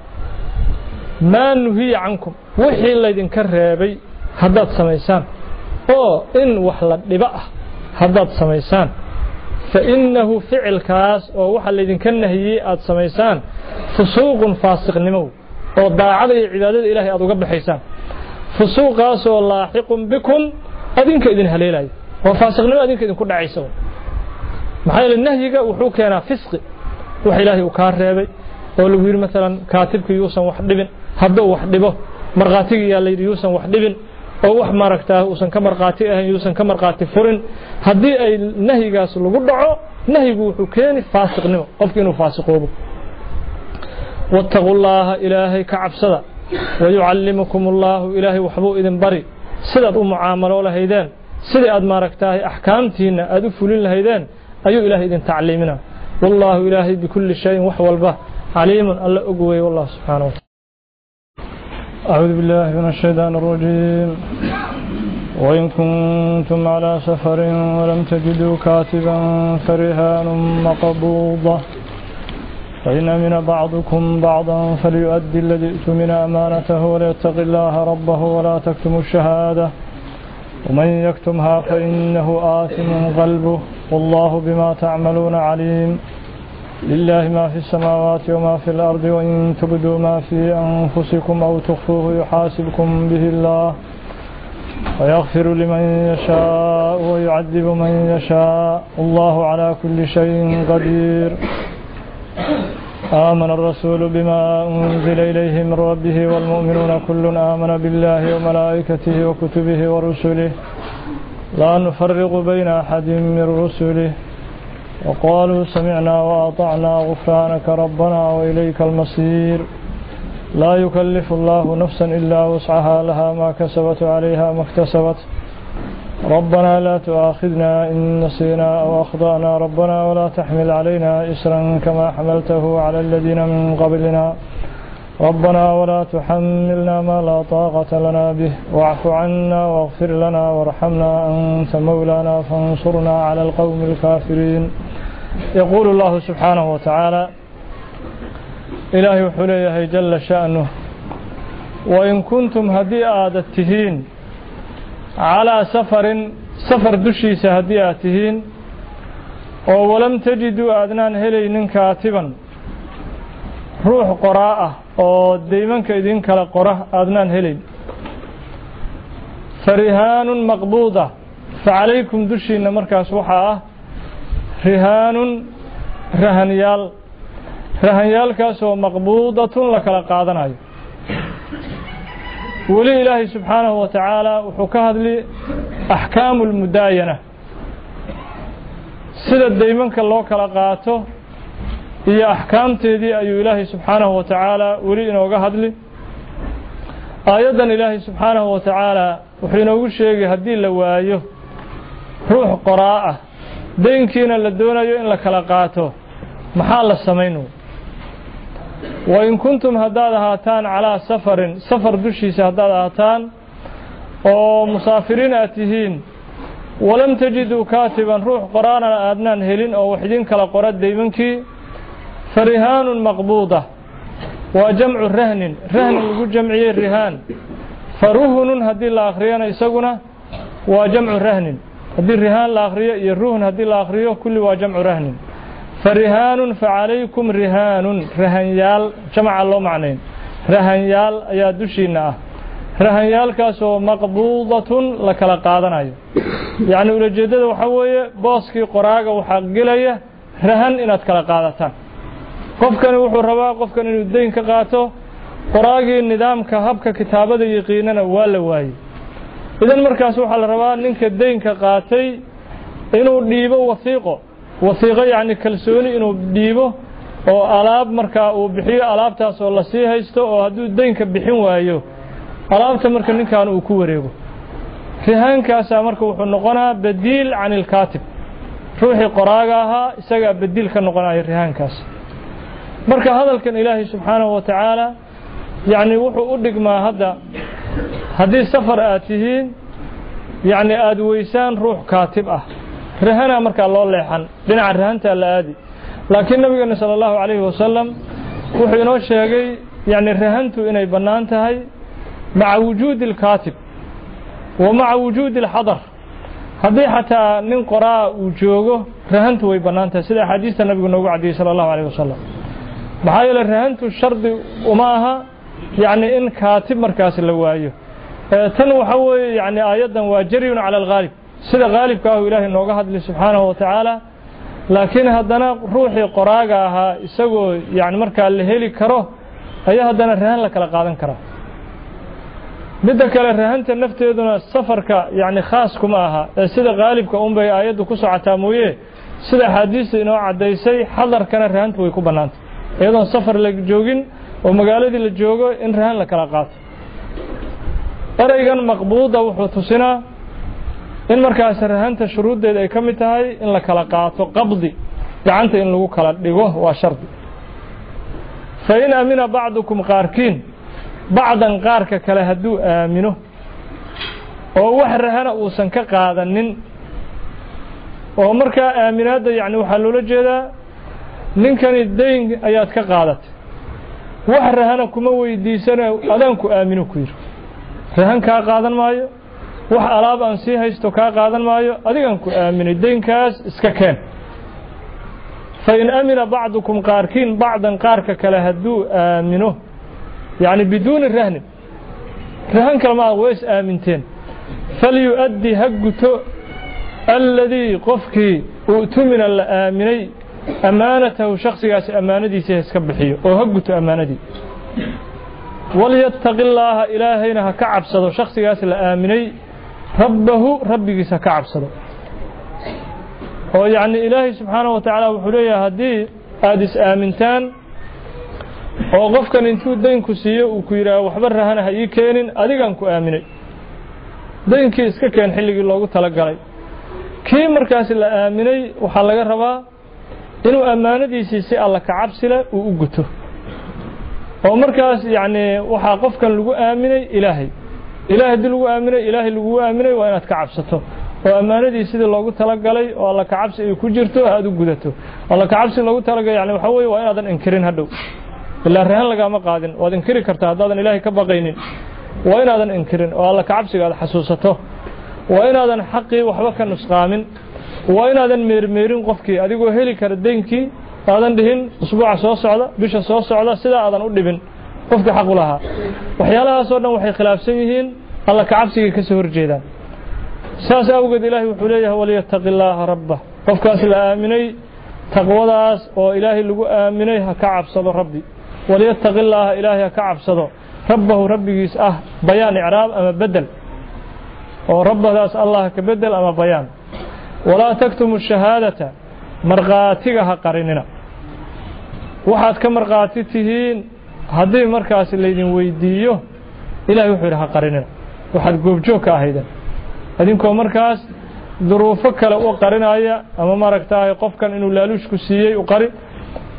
ma nuhi ankum wixii laydin ka reebay hadat samaysan oo in wax la dhiba ah hadat samaysan fa innahu ficilkaas oo waxa laydin ka nahiyay aad samaysan fusuuqun faasiqnimo oo daacada iyo cibaadada ilaahay aad uga baxaysaan fusuuqaas oo laaxiqun bikum adinka idin haleelay oo faasiqnimo adinka idin ku dhacayso maxay la nahyiga wuxuu keenaa fisqi wax ilaahay uu ka reebay oo lagu yiri mesela kaatibku yuusan wax dhibin hadduu wax dhibo marqaatiga yaa la yiri yuusan wax dhibin oo wax maragtaa uusan ka marqaati ahayn yuusan ka marqaati furin hadii ay nahyigaas lagu dhaco nahyigu wuxuu keenay faasiqnimo qofkii inuu faasiqoobo واتقوا الله إلهي كعبسدا ويعلمكم الله إلهي وحبو إذن بري سيداد معاملوا لهيدان سيداد ماركتاه أحكامتين أدفلين لهيدان أيو إلهي إذن تعليمنا والله إلهي بكل شيء وحوال به عليم الله أقوي والله سبحانه وتعالى أعوذ بالله من الشيطان الرجيم وإن كنتم على سفر ولم تجدوا كاتبا فرهان مقبوضة فإن أمن بعضكم بعضا فليؤدي الذي اؤتمن أمانته وليتق الله ربه ولا تكتم الشهادة ومن يكتمها فإنه آثم قلبه والله بما تعملون عليم لله ما في السماوات وما في الأرض وإن تبدوا ما في أنفسكم أو تخفوه يحاسبكم به الله ويغفر لمن يشاء ويعذب من يشاء الله على كل شيء قدير آمن الرسول بما أنزل إليه من ربه والمؤمنون كل آمن بالله وملائكته وكتبه ورسله لا نفرق بين أحد من رسله وقالوا سمعنا وأطعنا غفرانك ربنا وإليك المصير لا يكلف الله نفسا إلا وسعها لها ما كسبت عليها ما اكتسبت ربنا لا تؤاخذنا إن نسينا أو أخطأنا ربنا ولا تحمل علينا إسرا كما حملته على الذين من قبلنا ربنا ولا تحملنا ما لا طاقة لنا به واعف عنا واغفر لنا وارحمنا أنت مولانا فانصرنا على القوم الكافرين يقول الله سبحانه وتعالى إلهي حليه جل شأنه وإن كنتم هدي آدتهين على سفر سفر دشي سهدياتهين ولم تجدوا أدنان هلين كاتبا روح قراءة oo deemanka idin kala qora aadnaan helin farihanun maqbuuda فعليكم دشينا markaas waxa ah rihanun rahaniyal rahaniyalkaas oo maqbuudatun la kala qaadanayo wali ilaahi subhanahu wa ta'ala wuxuu ka hadli ahkaamul mudaayana sida deemanka loo kala qaato iyo ahkaamteedii ayuu ilaahi subhanahu wa ta'ala wali inooga hadli aayadan ilaahi subhanahu wa ta'ala wuxuu inoogu sheegay hadii la waayo ruux qoraa deenkiina la doonayo in la kala qaato maxaa la sameeyo وإن كنتم هداد هاتان على سفر سفر دشيس هداد هاتان ومسافرين أتهين ولم تجدوا كاتبا روح قرانا أدنان هلين أو وحدين كلا قراد ديمنكي فرهان مقبوضة وجمع الرهن رهن يقول جمعي الرهان فرهن هدي الآخرين يسقنا وجمع الرهن هدي الرهان الآخرية يروهن هدي الآخرية كل وجمع رهن فرهان فعليكم رهان رهنيال جمع الله معنين رهنيال يا دشينا رهنيال كاسو مقبوضة لكلا قادنا يعني ولجدد وحوية باسكي قراغة وحقلية رهن إنات كلا قادتان qofkan wuxuu rabaa qofkan inuu deyn ka qaato qoraagii nidaamka habka kitaabada yaqiinana waa la waayay idan markaas waxa la rabaa ninka deynka qaatay inuu dhiibo wasiiqo wasiiqo yaani kalsooni inuu dhiibo oo alaab marka uu bixiyo alaabtaas oo la sii haysto oo haduu deynka bixin waayo alaabta marka ninkan uu ku wareego rihaankaas marka wuxuu noqonaa badiil aan al-kaatib ruuxi qoraaga aha isaga badiil ka noqonaya rihaankaas marka hadalkan ilaahay subhanahu wa ta'ala yaani wuxuu u dhigmaa hadda hadii safar aad tihiin yaani aad weysaan ruux kaatib ah rahana marka loo leexan dhinaca rahanta la aadi laakiin nabiga sallallahu alayhi wasallam wuxuu inoo sheegay yaani rahantu inay banaan tahay ma'a wujuud al-kaatib wa ma'a wujuud al-hadar hadii hataa nin qoraa uu joogo rahantu way banaan tahay sida xadiiska nabiga noogu cadiyay sallallahu alayhi wasallam maxay la rahantu shardi uma aha yaani in kaatib markaas la waayo tan waxa weeye yaani aayadan waa jariyun ala al-ghalib sida ghalibka ah ilaahay nooga hadlay subhanahu wa ta'ala laakiin hadana ruuxi qoraaga aha isagoo yaani marka la heli karo ayaa hadana rahan la kala qaadan kara midda kale rahanta nafteeduna safarka yaani khaas kuma aha sida ghalibka um bay aayadu ku socotaa mooyee sida xadiis inoo cadeysay hadarkana rahanta way ku banaantay iyadoo safar la joogin oo magaaladii la joogo in rahan la kala qaato eraygan maqbuuda wuxuu tusinaa in markaas rahanta shuruudeeda ay kamid tahay in la kala qaato qabdi gacanta in lagu kala dhigo waa shardi fa in amina ba'dukum qaarkiin ba'dan qaarka kale haduu aamino oo wax rahana uusan ka qaadanin oo marka aaminaada yaani waxa loo jeedaa ninkani deyn ayaad ka qaadatay wax rahana kuma weydiisana adanku aamino ku yiri rahan ka qaadan maayo wax alaab aan si haysto ka qaadan maayo adigan ku aaminay deynkaas iska keen fa in amina ba'dukum qaarkiin ba'dan qaarka kale haduu aamino yaani بدون الرهن رهن كلمه ويس امنتين فليؤدي حقته الذي قفكي اؤتمن الامني امانته شخصياس امانتيسه iska bixiyo oo hagguto amaanadi وليتق الله إلهينا كعبسدو شخصياس la aaminay rabbahu rabbigiisa ka cabsado oo yaani ilaahi subhanahu wa ta'ala wuxuu leeyahay hadii aad is aamintaan oo qofkan intuu deynku siiyo uu ku yiraahdo waxba rahana ha ii keenin adigan ku aaminay deynkii iska keen xilligii loogu tala galay kii markaas la aaminay waxa laga rabaa inuu amaanadiisa si alla ka cabsila uu u guto oo markaas yaani waxa qofkan lagu aaminay ilaahay ilaahay dil lagu aaminay ilaahay lagu aaminay waa inaad ka cabsato oo amaanadiisa sidii loogu tala galay oo alla ka cabsi ay ku jirto aad u gudato alla ka cabsi loogu tala galay yaani waxa weeye waa inaadan inkirin hadhow illa rahan laga ma qaadin waad inkiri kartaa hadaadan ilaahay ka baqaynin waa inaadan inkirin oo alla ka cabsigaada xasuusato waa inaadan xaqii waxba ka nusqaamin waa inaadan meermeerin qofkii adigoo heli kara deynkii aadan dhihin usbuuca soo socda bisha soo socda sida aadan u dhibin qofkii xaq u lahaa waxyaalahaas oo dhan waxay khilaafsan yihiin alla ka cabsiga ka soo horjeedaan saas awgeed ilaahay wuxuu leeyahay waliyataqillaaha rabbah qofkaas la aaminay taqwadaas oo ilaahay lagu aaminay ha ka cabsado rabbi waliyataqillaaha ilaahay ha ka cabsado rabbahu rabbigiis ah bayaan i'raab ama bedel oo rabbadaas allah ka bedel ama bayaan wala taktumu shahaadata marqaatiga ha qarinina waxaad ka marqaati tihiin hadii markaas leedin weydiiyo ilaahay wuxuu ha qarinina waxaad goobjoog ka ahaydeen adinkoo markaas duruufo kale u qarinaya ama maragtaay qofkan inuu laaluush ku siiyay u qari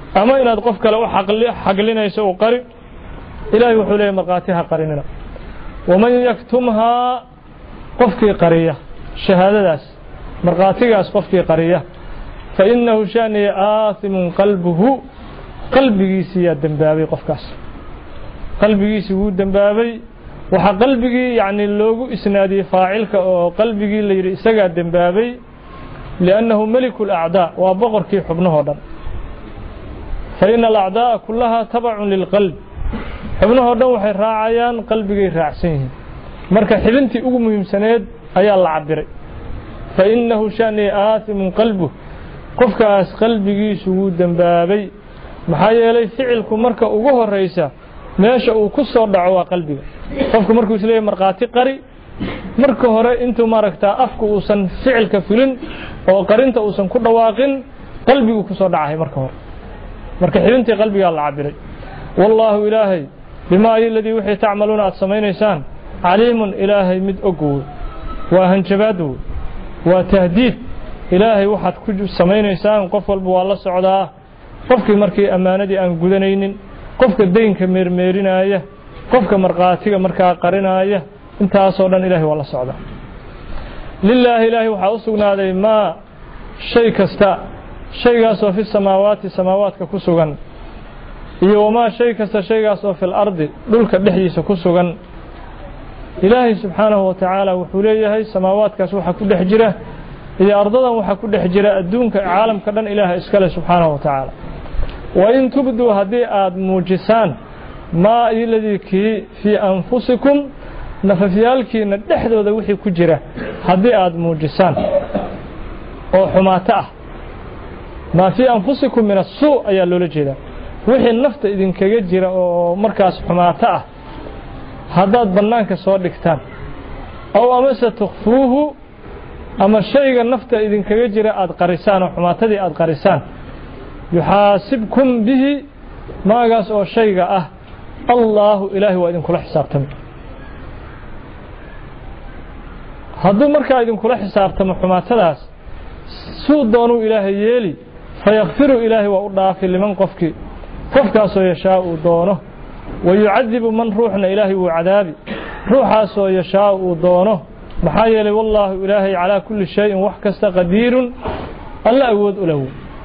أما إن أدقفك لو حقلنا يسوء قري إلهي وحولي مرقاتها قرننا ومن يكتمها قفك قرية شهادة داس مرقاتها قفك قرية فإنه شأن آثم قلبه قلبه سياد دنبابي قفكاس قلبه سيود دنبابي وحا قلبه يعني اللوغو إسنادي فاعلك أو قلبه اللي يرئيسك دنبابي لأنه ملك الأعداء وبغر كي حبنه دم فإن الأعداء كلها تبع للقلب حبنه دم وحي راعيان قلبه راعسيه مركا حبنتي أغمهم سناد أي الله عبري فإنه شأن آثم قلبه qofkaas qalbigiisu wuu dambaabay maxaa yeelay ficilku marka ugu horeysa meesha uu ku soo dhaco waa qalbiga qofku markuu isleeyahay marqaati qari marka hore intuu maaragta afku uusan ficilka fulin oo qarinta uusan ku dhawaaqin qalbigu ku soo dhacay marka hore marka xidintii qalbiga la cabiray wallahu ilaahi bima alladhi wixii tacmaluuna aad samaynaysaan caliimun ilaahi mid ogow waa hanjabaadu waa tahdiid ilaahay waxaad ku samaynaysaan qof walba waa la socdaa qofkii markii amaanadii aan gudanaynin qofka deynka meermeerinaya qofka marqaatiga markaa qarinaya intaas oo dhan ilaahay waa la socdaa lillaahi ilaahi waxa u sugnaaday ma shay kasta shaygaas oo fi samaawaati samaawaadka ku sugan iyo wama shay kasta shaygaas oo fil ardi dhulka dhexdiisa ku sugan ilaahay subhanahu wa ta'ala wuxuu leeyahay samaawaadkaas waxa ku dhex jira iyo ardadan waxa ku dhex jira adduunka caalamka dhan ilaahay iska leh subhanahu wa ta'ala wa in tubdu hadii aad muujisan ma iladiki fi anfusikum nafafiyalkiina dhexdooda wixii ku jira hadii aad muujisan oo xumaata ah ma fi anfusikum min as-suu ayaa loola jeedaa wixii nafta idin kaga jira oo markaas xumaata ah hadaad banaanka soo dhigtaan aw amasa tukhfuuhu ama shayga nafta idin kaga jira aad qarisaan oo xumaatadii aad qarisaan yuhaasibkum bihi maagaas oo shayga ah Allahu ilaahi waa idin kula xisaabtamo hadduu markaa idin kula xisaabtamo xumaatadaas suu doonu ilaahi yeeli fayaghfiru ilaahi wa udaafi liman qofki qofkaas oo yashaa uu doono ويعذب من روحنا إلهي وعذابي روحا سو يشاء ودونه محايل والله إلهي على كل شيء وحكست قدير الله أود له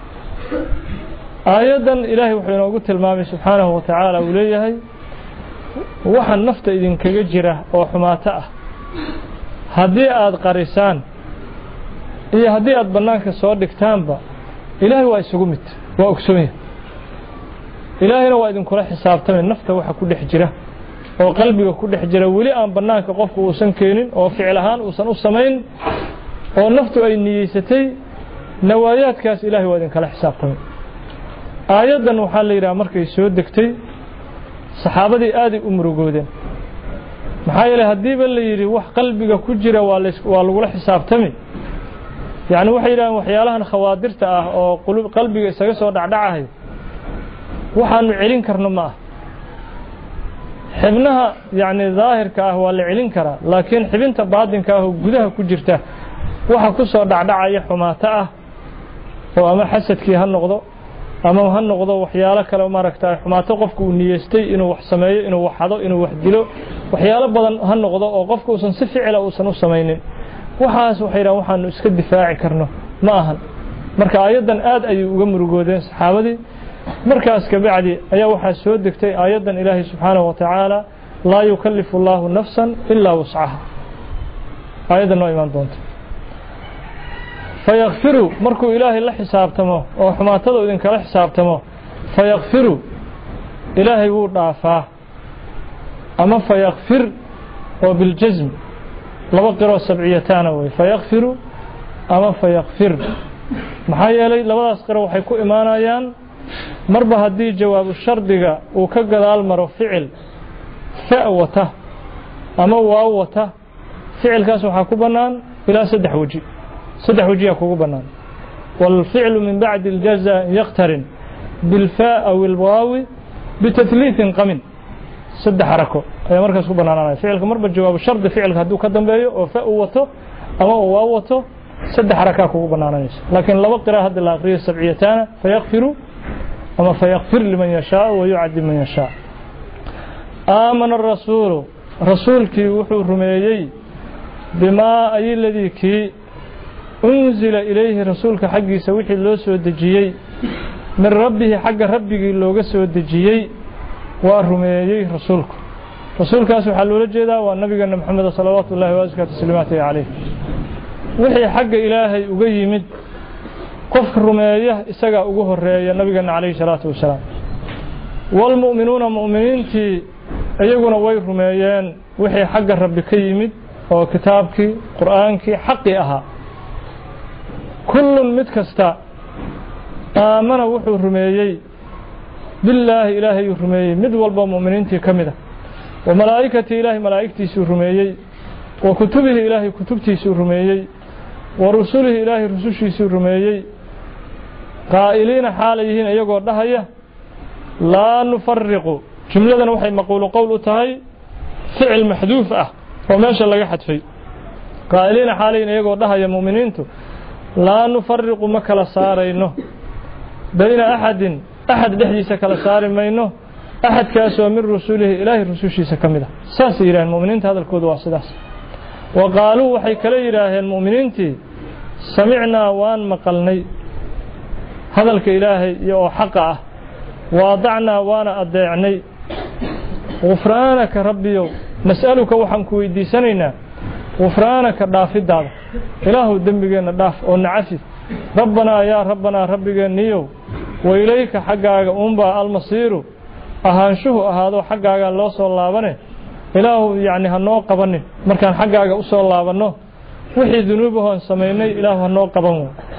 آيادا إلهي وحينا وقلت المامي سبحانه وتعالى وليه وحن نفت إذن كجرة وحماته هدي آد قريسان إيه هدي آد بنانك سوادك تانبا إلهي وإسقمت وأكسمه ilaahayna waa idin kula xisaabtamay nafta waxa ku dhex jira oo qalbiga ku dhex jira wali aan banaanka qofku uusan keenin oo ficil ahaan uusan u sameyn oo naftu ay niyeysatay nawaayaadkaas ilaahay waa idin kala xisaabtamay aayadan waxa la yiraahdaa markay soo degtay saxaabadii aad u murugoodeen maxaa yeelay hadii ba la yiri wax qalbiga ku jira waa waa lagu la xisaabtamay yaani waxa yiraahdaan waxyaalahan khawaadirta ah oo qalbiga isaga soo dhacdhacahay waxaanu celin karno ma xibnaha yaani zaahirka ah waa la celin karaa laakiin xibinta baadinka ah oo gudaha ku jirta waxa ku soo dhacdhacaya xumaata ah oo ama xasadkii ha noqdo ama ha noqdo waxyaalo kale oo maaragtay xumaato qofku uu niyeystay inuu wax sameeyo inuu wax hado inuu wax dilo waxyaalo badan ha noqdo oo qofku uusan si ficil ah uusan u sameeynin waxaas waxay yiraahdaan waxaanu iska difaaci karno ma ahan marka aayadan aad ay uga murugoodeen saxaabadii markaas ka bacdi ayaa waxa soo degtay aayadan Ilaahay subhanahu wa ta'ala la yukallifu Allahu nafsan illa wus'aha aayadan oo iman doonto fayaghfiru markuu Ilaahay la xisaabtamo oo xumaatada idin kala xisaabtamo fayaghfiru Ilaahay wuu dhaafaa ama fayaghfir oo bil jazm laba qiro sab'iyatan way fayaghfiru ama fayaghfir maxaa yeelay labadaas qiro waxay ku imaanayaan marba hadii jawaab shardiga uu ka gadaal maro ficil fa'wata ama waawata ficilkaas waxa ku banaan ila saddex waji saddex waji ku banaan wal fi'lu min ba'd al jazaa yaqtarin bil faa aw al waaw bitathlith qamin saddex harako ay markaas ku banaanayaan ficilka marba jawaab shardi ficilka haduu ka dambeeyo oo fa'wato ama waawato saddex haraka ku banaanayso laakiin laba qira hadda la aqriyo sab'iyatan fayaghfiru أما فيغفر لمن يشاء ويعذب من يشاء. آمن الرسول رسولك وحو رميي بما أي الذي كي أنزل إليه رسولك حقي سويح اللو سودجيي من ربه حق ربك اللو سودجيي ورميي رسولك رسولك سبحانه لجدا والنبي محمد صلوات الله وأزكى تسليماته عليه وحي حق إلهي أقيمد قف رمييه إساق أقوه الرئي النبي عليه الصلاة والسلام والمؤمنون مؤمنين تي أيقون وي رميين وحي حق ربي كيمد وكتابك قرآنك حقي أها كل متكستا آمن وحو رميي بالله إلهي رميي مد والبا مؤمنين تي كمده وملائكة إلهي ملائكتي سرميي وكتبه إلهي كتبتي سرميي ورسوله إلهي رسوشي سرميي قائلين حاليهين أيقوا دهية لا نفرق جملة وحي مقول قول تهي فعل محذوف أه وماشا لقى حد فيه قائلين حاليهين أيقوا دهية مؤمنين لا نفرق مكلا سارينه بين أحد أحد لحديث كلا ساري مينه أحد كاسوا من رسوله إلهي رسوشي سكمده ساس إله المؤمنين هذا الكود واسداس وقالوا وحي كلا إله المؤمنين سمعنا وان مقلني هذا الكإلهي يو حقه واضعنا وانا أضيعني غفرانك ربي نسألك وحنك ويدي سنينا غفرانك دافد هذا إله الدنبقين داف ونعفف ربنا يا ربنا ربك نيو وإليك حقك أنبا المصير ahaanshuhu ahaado xaggaaga loo soo laabane ilaahu yaani hanoo qabanin markaan xaggaaga u soo laabano wixii dunuubahoon sameeynay ilaahu hanoo qaban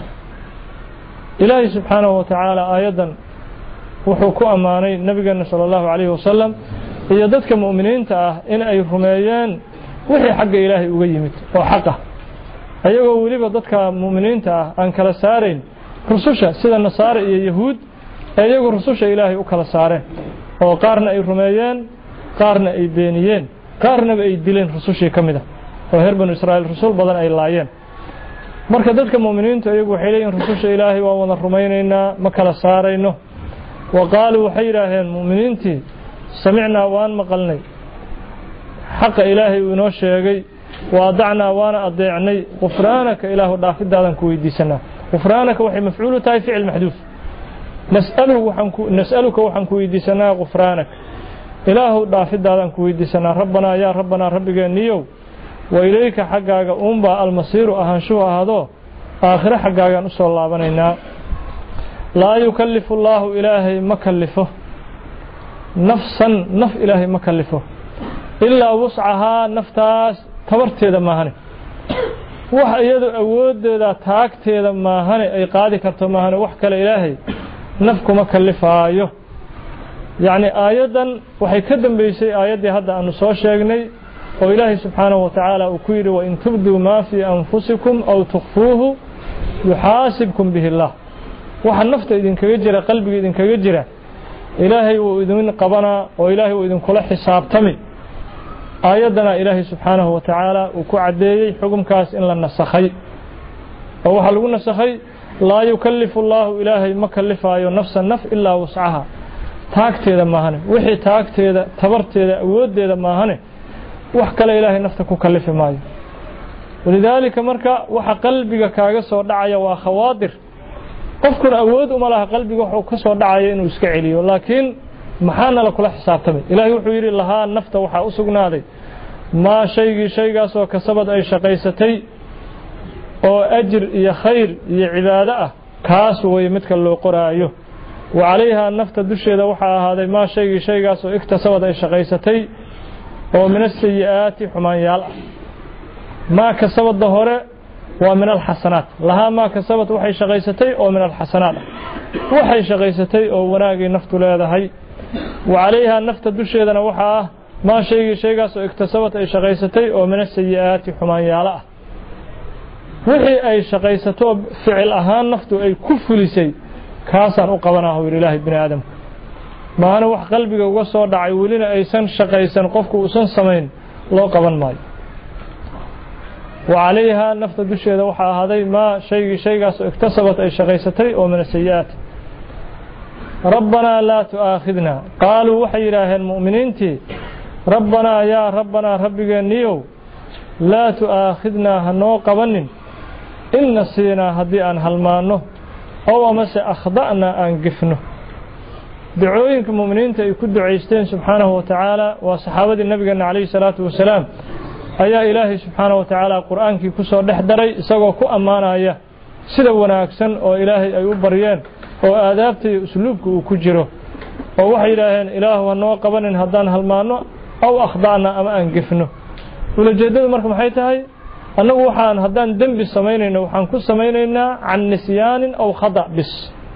ilaahi subhanahu wa ta'ala ayadan wuxuu ku amaanay nabigeena sallallahu alayhi wasallam iyo dadka muuminiinta ah in ay rumeeyeen wixii xagga ilaahi uga yimid oo xaq ah ayagoo waliba dadka muuminiinta ah aan kala saareen rususha sida nasaara iyo yahuud ayagoo rususha ilaahi u kala saareen oo qaarna ay rumeeyeen qaarna ay beeniyeen qaarna ay dileen rusushii kamida oo heer banu Israa'iil rasuul badan ay laayeen marka dadka muuminiinta ayagu waxay leeyihiin rususha ilaahi waa wada rumaynaynaa ma kala saarayno waqaalu waxay yiraahdeen muuminiintii samicnaa waan maqalnay xaq ilaahi uu inoo sheegay waadacnaa waana adeecnay qufraanaka ilaahu dhaafidaadan ku weydiisanaa qufraanaka waxay mafcuulu tahay ficil maxduuf نسأله وحنكو نسألك وحنكو يديسنا غفرانك إله دافد دادان كو يديسنا ربنا يا ربنا ربك نيو وإليك حقاك أنبا المصير أهانشوها هذا آخر حقاك نسأل الله بنينا لا يكلف الله إلهي مكلفه نفسا نف إلهي مكلفه إلا وسعها نفتاس تبرتي ماهني waxa iyadu awoodeeda taagteeda maahane ay qaadi karto maahane wax kale ilaahay nafkuma kalifaayo yaani aayadan waxay ka dambeysay aayadii hadda aanu soo sheegnay oo ilaahay subhanahu wa ta'ala uu ku yiri wa in tubdu ma fi anfusikum aw tukhfuhu yuhasibkum bihi Allah waxa nafta idin kaga jira qalbiga idin kaga jira ilaahay uu idin qabana oo ilaahay uu idin kula xisaabtami aayadana ilaahay subhanahu wa ta'ala uu ku cadeeyay xukunkaas in la nasakhay oo waxa lagu nasakhay la yukallifu Allah ilaahay ma kallifaayo nafsan naf illa wus'aha taagteeda maahane wixii taagteeda tabarteeda awoodeeda maahane wax kale ilaahay nafta ku kallifi maayo walidaalika marka waxa qalbiga kaaga soo dhacaya waa khawaadir qofkuna awood uma laha qalbiga wuxuu ka soo dhacaya inuu iska celiyo laakiin maxaana la kula xisaabtamay ilaahay wuxuu yiri laha nafta waxa u sugnaaday ma shaygi shaygaas oo kasabad ay shaqaysatay oo ajr iyo khayr iyo cibaado ah kaas way midka loo qoraayo wa alayha nafta dusheeda waxa ahaaday ma shaygi shaygaas oo iktasabad ay shaqaysatay oo min as-sayyi'ati xumaan yaal ma kasabad hore waa min al-hasanat laha ma kasabad waxay shaqaysatay oo min al-hasanat waxay shaqaysatay oo wanaagii naftu leedahay wa alayha nafta dusheedana waxa ma shaygi shaygaas oo iktasabad ay shaqaysatay oo min as-sayyi'ati xumaan yaal ah wixii ay shaqaysato ficil ahaan naftu ay ku fulisay kaasaan u qabanaa ilaahay bini aadam maana wax qalbiga uga soo dhacay welina aysan shaqaysan qofku uusan sameyn loo qaban maayo wa alayha nafta dusheeda waxa ahaaday ma shaygi shaygaas oo iktasabat ay shaqaysatay oo min as-sayyi'at ربنا لا تؤاخذنا قالوا وحي إله المؤمنين تي ربنا يا ربنا ربك نيو لا تؤاخذنا هنو قبنن إن نسينا هدي أن هلمانه أو مس أخطأنا أن قفنه دعوينك المؤمنين يكون دعيستين سبحانه وتعالى وصحابة النبي عليه الصلاة والسلام أيا إلهي سبحانه وتعالى قرآن كي كسر دحدري سوى كو أمانة أيا سيدا وناكسن أو إلهي أيو بريان أو آدابتي أسلوبك وكجره أو وحي إلهين إله وأنه قبن هدان هلمانه أو أخضعنا أما أنقفنه ولجدد مركم حيثهاي أنه وحان هدان دنب السمينين وحان كل سمينين عن نسيان أو خضع بس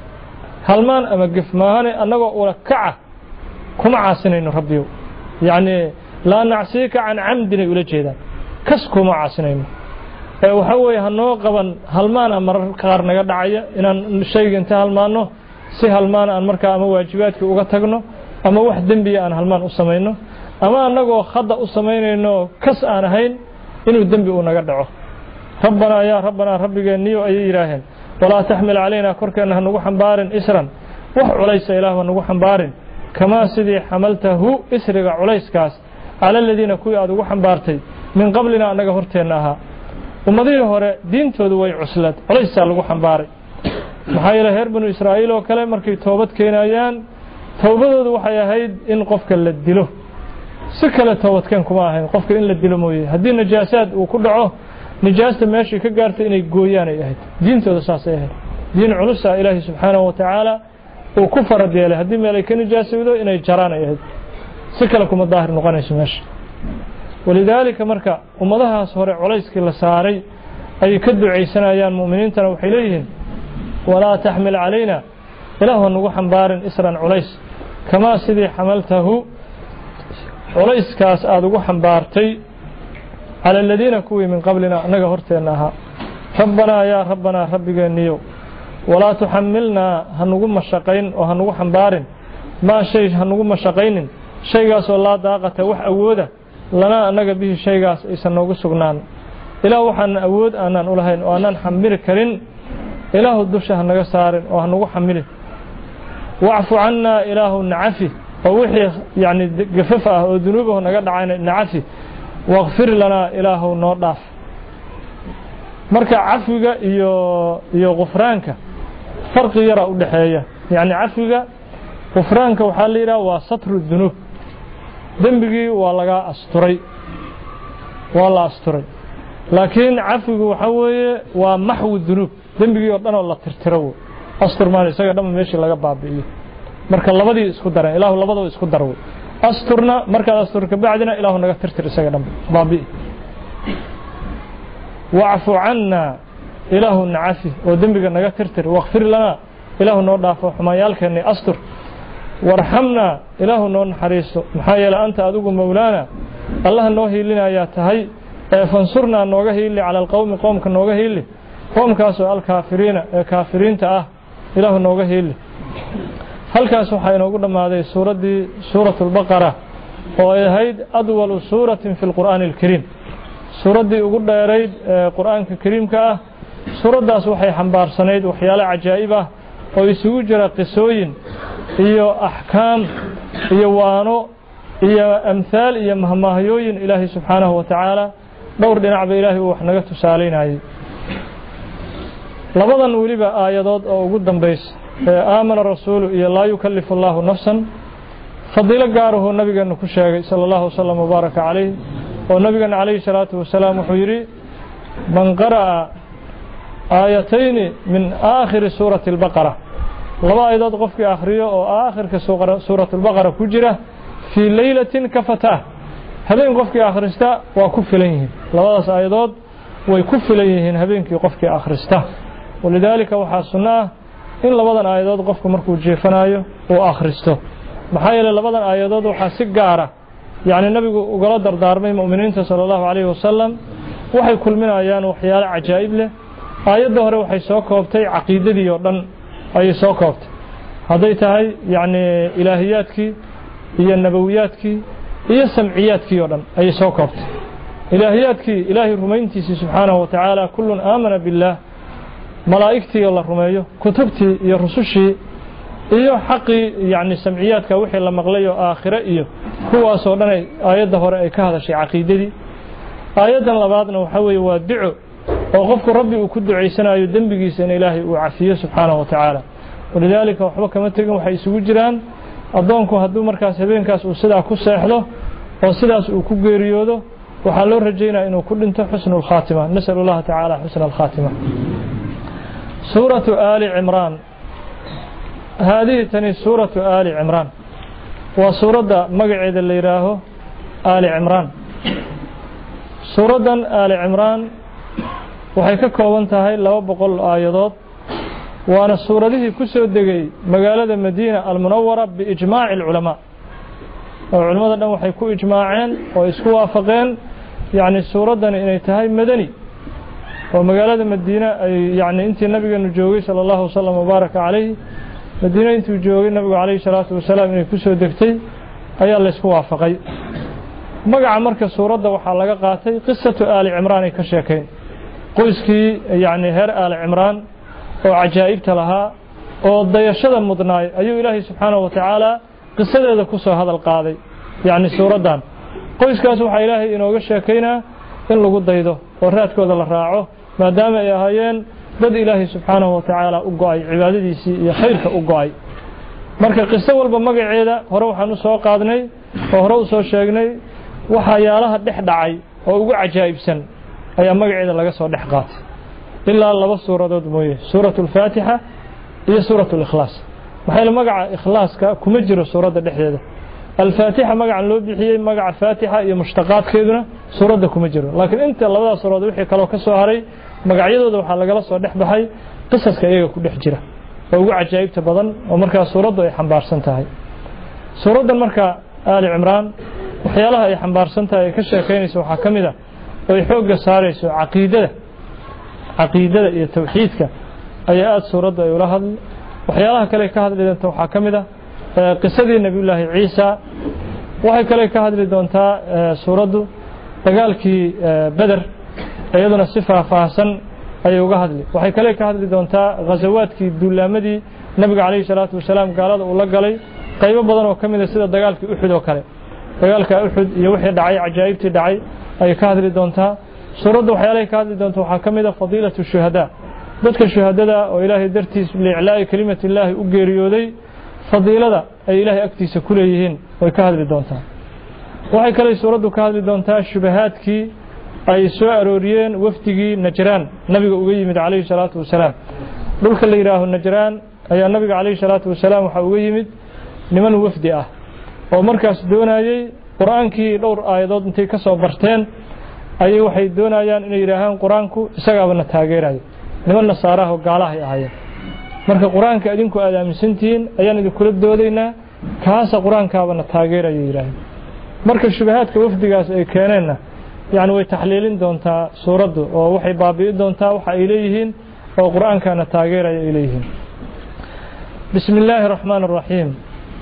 هلمان أما قف ماهاني أنه ولكعة كما عاسنين ربيو يعني لا نعسيك عن عمدنا ولجدد كسكو ما عاسنين وحوي هنو قبن هلمان أمر قار نقا دعايا إن الشيء انت هلمانه سي هلمان أن مركا أما واجباتك وغتقنه أما واحد دنبي أن هلمان أسمينه أما أنه خضع أسمينه كس آن هين إنه الدنبي ونقا دعوه ربنا يا ربنا ربك نيو أي إلهين ولا تحمل علينا كركا أنها نقو حنبار إسرا وح عليس إله ونقو حنبار كما سيدي حملته إسرق عليس كاس على الذين كوي أدقو حنبارتي من قبلنا أنك هرتيناها ومضيه هوري دين تودوي عسلت عليس لقو حنباري محايلة هير بنو إسرائيل وكلام مركي توبت كينايان توبتود وحي هيد إن قفك للدلو سكلة توبت كان كما هين قفك إن للدلو مويه هدي النجاسات وكله نجاسة ماشي كقارت إن يقويان يهد دين تود أساس يهد دين علوسة إلهي سبحانه وتعالى وكفر دياله هدي مالك نجاسة ودو إن يجران يهد سكلكم الظاهر نقانيش ماشي ولذلك مركا ومضاها صورة عليس كلا ساري أي كدو عيسنا أيان مؤمنين تنوحي إليهم ولا تحمل علينا إله النقو حنبار إسرا عليس كما سيدي حملته عليس كاس آدقو حنبارتي على الذين كوي من قبلنا نقهرتناها ربنا يا ربنا ربك النيو ولا تحملنا هنقو مشاقين وهنقو حنبار ما شيء هنقو مشاقين شيء قاس والله داقة وح أوده لنا أنك به شيء قاس إسنوغو سقنان إله وحن أود أنان أولهين وأنان حمير كرين إله الدوشة هنقو سارين وهنقو حميره واعف عنا إله نعفي ووحي يعني قففة وذنوبه نقد عين نعفي واغفر لنا إله نوضاف مركا عفوك iyo iyo غفرانك فرق يرى ودحية يعني عفوك غفرانك waxa la yiraahdaa waa satru dhunub dambigi waa laga asturay waa la asturay laakiin عفوك waxa weeye waa maxwu dhunub dambigi oo dhan oo la tirtiro astur maan isaga dhama meeshii laga baabi'iyo marka labadii isku daran ilaahu labadaba isku darwo asturna marka asturka baadina ilaahu naga tirtir isaga dhama baabi'i wa'fu 'anna ilaahu na'afi oo dambiga naga tirtir waghfir lana ilaahu noo dhaafo xumayaalkeena astur warhamna ilaahu noo naxariiso maxaa yeelay anta adigu mawlaana allah noo hiilinaya tahay ee fansurna nooga hiili ala alqawmi qawmka nooga hiili qawmkaas oo alkaafiriina ee kaafiriinta ah ilaahu nooga hiili halkaas waxa inoogu dhamaaday suuradii suuratul baqara oo ay ahayd adwal suuratin fil quraanil kariim suuradii ugu dheerayd ee quraanka kariimka ah suuradaas waxay xambaarsanayd waxyaalo cajaa'ib ah oo isugu jira qisooyin iyo ahkaam iyo waano iyo amthal iyo mahmaahiyooyin ilaahi subhanahu wa ta'ala dhowr dhinacba ilaahi wax naga tusaaleenayay labadan waliba aayadood oo ugu dambeys aamana rasuulu iyo laa yukallifu Allahu nafsan fadila gaaruhu nabigeena ku sheegay sallallahu alayhi wa sallam baraka alayhi oo nabigeena alayhi salatu wa salaam wuxuu yiri man qaraa aayatayn min aakhir suurati al-baqara laba aayadood qofkii akhriyo oo aakhirka suurati al-baqara ku jira fi laylatin kafata habeen qofkii akhrista waa ku filan yihiin labadaas aayadood way ku filan yihiin habeenkii qofkii akhrista walidaalika waxa sunnah in labadan aayadood qofku markuu jeefanayo oo akhristo maxaa yeelay labadan aayadood waxa si gaar ah yaani nabigu uga dardaarmay muuminiinta sallallahu alayhi wasallam waxay kulminayaan waxyaalo cajaa'ib leh aayadda hore waxay soo koobtay aqeedadii oo dhan ay soo koobtay haday tahay yaani ilaahiyaadkii iyo nabawiyaadkii iyo samciyaadkii oo dhan ay soo koobtay ilaahiyaadkii ilaahi rumayntiisa subhanahu wa ta'ala kullun aamana billah malaa'iktii la rumeeyo kutubtii iyo rusushii iyo xaqi yani samciyaadka wixii la maqlay oo aakhira iyo kuwaas oo dhan aayada hore ay ka hadashay aqeedadii aayadan labaadna waxa weeye waa duco oo qofku rabbi uu ku duceysanayo dambigiisa in ilaahay uu cafiyo subhanahu wa ta'ala walidaalika waxba kama tagin waxay isugu jiraan adoonku hadduu markaas habeenkaas uu sidaa ku seexdo oo sidaas uu ku geeriyoodo waxa loo rajaynayaa inuu ku dhinto xusnul khaatima nasallallahu ta'ala xusnul khaatima suuratu ali imran هذه تني سورة آل عمران وسورة مقعد اللي راه آل عمران سورة آل عمران وحيك كونتها لو بقول آيات وأنا السورة دي كسر دقي مقالة المدينة المنورة بإجماع العلماء العلماء أنه حيكون إجماعين ويسكوا وافقين يعني السورة دي إنتهي مدني ومقالة المدينة يعني أنت النبي النجوي صلى الله عليه وسلم وبارك عليه مدينة أنت وجوهي النبي عليه الصلاة والسلام إنه كسر دقتي أي الله يسكوا وافقين مقع مركز سورة وحلقة قاتي قصة آل عمران كشيكين qoyskii yani heer aal cimraan oo cajaa'ibta lahaa oo dayashada mudnaay ayuu ilaahay subxaanahu wa tacaala qisadeeda ku soo hadal qaaday yani suuradan qoyskaas waxaa ilaahay inooga sheekaynaa in lagu daydo oo raadkooda la raaco maadaama ay ahaayeen dad ilaahay subxaanahu wa tacaala u go'ay cibaadadiisii iyo khayrka u go'ay marka qiso walba magaceeda hore waxaan u soo qaadnay oo hore u soo sheegnay waxyaalaha dhex dhacay oo ugu cajaa'ibsan ayaa magaceeda laga soo dhex qaatay ilaa laba suuradood mooyee suuratul faatiha iyo suuratul ikhlaas waxay la magaca ikhlaaska kuma jiro suurada dhexdeeda al-faatiha magacan loo bixiyay magaca faatiha iyo mushtaqaadkeeduna suurada kuma jiro laakiin inta labada suuradood wixii kale ka soo haray magacyadooda waxa laga soo dhex baxay qisaska iyaga ku dhex jira oo ugu cajaa'ibta badan oo markaa suuradu ay xambaarsan tahay suuradan marka aali cimraan waxyaalaha ay xambaarsan tahay ka sheekeynayso waxa kamid ah ay xooga saarayso aqeedada aqeedada iyo tawxiidka ayaa aad suurada ay ula hadlay waxyaalaha kale ka hadli doonta waxa kamid ah qisadii nabiyullaahi ciisa waxay kale ka hadli doontaa suuradu dagaalkii badr ayaduna si faahfaahsan ay uga hadli waxay kale ka hadli doontaa ghazawaadkii duulaamadii nabiga kaleey salaatu wasalaam gaalada uu la galay qaybo badan oo kamid ah sida dagaalkii uxud oo kale dagaalka uxud iyo wixii dhacay cajaa'ibtii dhacay ay ka hadli doontaa suurada waxyaalaha ka hadli doonta waxa kamid ah fadiilatu shuhada dadka shuhadada oo ilaahay dartiis liiclaa'i kalimati ilaahi u geeriyooday fadiilada ay ilaahay agtiisa ku leeyihiin way ka hadli doontaa waxay kale suuradu ka hadli doontaa shubahaadkii ay soo arooriyeen wafdigii najraan nabiga uga yimid calayhi salaatu wasalaam dhulka la yiraahdo najraan ayaa nabiga calayhi salaatu wasalaam waxa uga yimid niman wafdi ah oo markaas doonayay quraankii dhowr aayadood intay ka soo barteen ayay waxay doonayaan inay yiraahdaan quraanku isagaabana taageerayo niman nasaaraha oo gaalaha ay ahaayeen marka quraanka idinku aad aaminsantiin ayaan idin kula doodaynaa kaasa quraankaabana taageerayo yiraahdaan marka shubahaadka wafdigaas ay keeneenna yani way taxliilin doontaa suuradu oo waxay baabi'i doontaa waxa ay leeyihiin oo quraankana taageerayo ay leeyihiin bismillaahir rahmaanir rahiim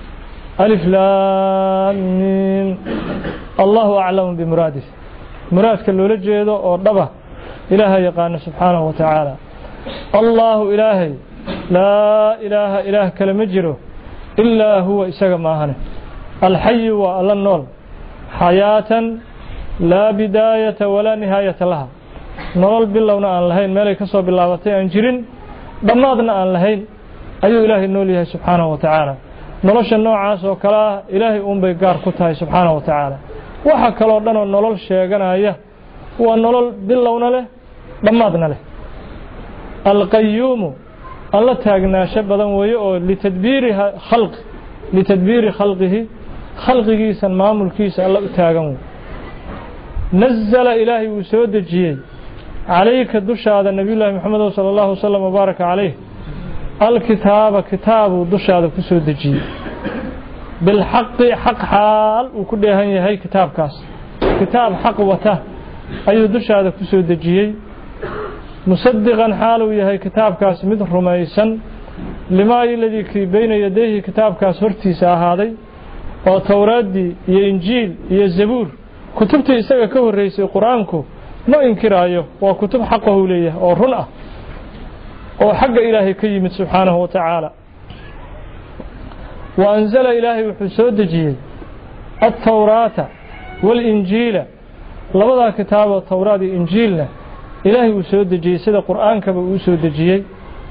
ألف لام ميم الله أعلم بمراده مراد كاللولة جيدو أو ربه إلهي يقان سبحانه وتعالى الله إلهي لا إله إله كلمجره إلا هو إساق ماهنه الحي وألا النور حياة لا بداية ولا نهاية لها نور بالله أن لهين مالك صوب الله وتأنجرين ضمادنا أن لهين أي إلهي نوليه سبحانه وتعالى nolosha noocaas oo kala ilaahay uun bay gaar ku tahay subxaanahu wa tacaala waxa kale oo dhan oo nolol sheeganaya waa nolol bilowna leh dhammaadna leh alqayyuum alla taagnaasho badan weeye oo litadbiiri khalq litadbiiri khalqihi khalqigiisa maamulkiisa alla u taagan weeye nazzala ilaahay uu soo dejiyay calayka dushaada nabiyullaahi maxamed sallallahu alayhi wasallam mubaaraka calayhi الكتاب كتاب دشاد كسو دجي بالحق حق حال وكده هي كتاب كاس كتاب حق وته اي دشاد كسو دجي مصدقا حاله هي كتاب كاس مد رميسن لما الذي بين يديه كتاب كاس hortiisa ahaaday oo tawraadi iyo injiil iyo zabuur kutubta isaga ka horeysay quraanku ma inkiraayo waa kutub xaq ah leeyahay oo run ah oo xagga ilaahay ka yimid subhanahu wa ta'ala وأنزل إلهي وحسود دجيه التوراة والإنجيل لبدا كتاب التوراة والإنجيل إلهي وسود دجيه سيدا قرآن كبا وسود دجيه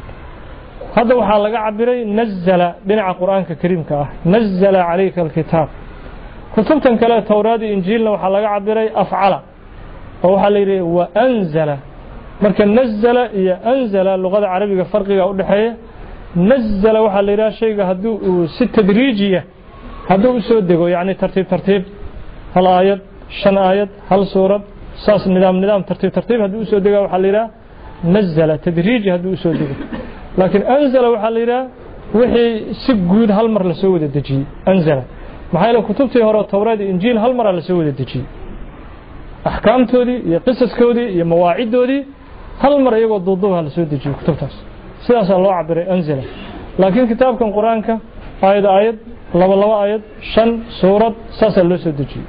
هذا وحا لغا عبري نزل بنع قرآن كريم كاه نزل عليك الكتاب كتبتن كلا التوراة والإنجيل وحا لغا عبري أفعل وحا ليري وأنزل marka nazala iyo anzala luqada carabiga farqiga u dhaxeeya nazala waxa la yiraahdaa shayga haduu si tadriijiya haduu soo dego yaani tartiib tartiib hal aayad shan aayad hal suurad saas nidaam nidaam tartiib tartiib haduu soo dego waxa la yiraahdaa nazala tadriiji haduu soo dego laakiin anzala waxa la yiraahdaa wixii si guud hal mar la soo wada dejiyay anzala maxay la kutubtii hore tawraad iyo injiil hal mar la soo wada dejiyay ahkaamtoodii iyo qisaskoodii iyo mawaacidoodii هل مرة يقول ضدها لسودجي كتبتاس سياسة الله عبر أنزله لكن كتاب كان قرآن كا آية آية لو لو آية شن سورة ساسة لسودجي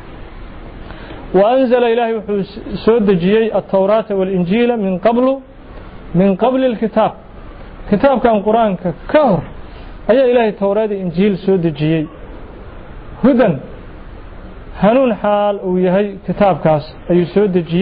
وأنزل إلهي سودجي التوراة والإنجيل من قبل من قبل الكتاب كتاب كان قرآن كا كهر أي إلهي التوراة إنجيل سودجي هدى هنون حال ويهي كتاب كاس أي سودجي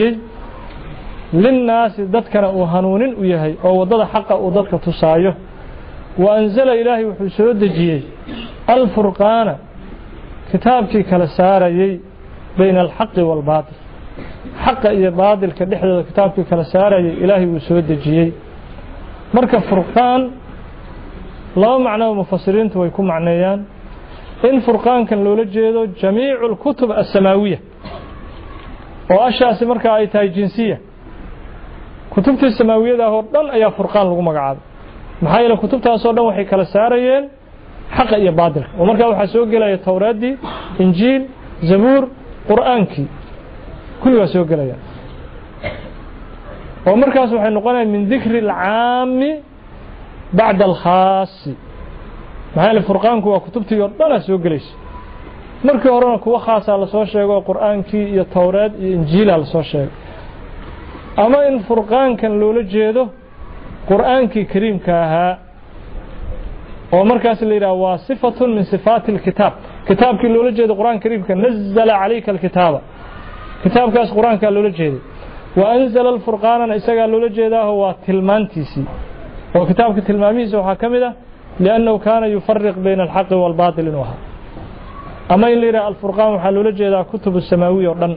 للناس ضدكنا وهنون ويهي أو ضد حق وضدك تصايه وأنزل إلهي وحسود دجيه الفرقان كتابك كالساري بين الحق والباطل حق إيا باطل كدحل كتابك كالساري إلهي وحسود دجيه مركب فرقان لا معنى مفسرين ويكون معنيان إن فرقان كان لولجيه جميع الكتب السماوية وأشياء مركب آيتها جنسية kutubtii samaawiyadaa oo dhan ayaa furqaan lagu magacaabay maxaa yeelay kutubtaas oo dhan waxay kala saarayeen xaq iyo baadilka oo markaa waxa soo galaya tawraadii injiil zabuur quraankii kulli waa soo galaya oo markaas waxay noqonayaan min dhikri al-aam ba'da al-khaas maxaa yeelay furqaanku waa kutubtii oo dhan soo galaysa markii horena kuwa khaas ah la soo sheego quraankii iyo tawraad iyo injiil la soo sheego أما إن فرقان كان لولا جيده قرآن كي كريم كاها ومركز اللي رأى صفة من صفات الكتاب كتاب كي لولا جيده قرآن كريم كان نزل عليك الكتاب كتاب كاس قرآن كان لولا جيده وأنزل الفرقان إساق لولا جيده هو تلمانتيسي وكتاب كتلماميس وحاكمده لأنه كان يفرق بين الحق والباطل وها أما اللي رأى الفرقان وحلولا جيده كتب السماوية ودن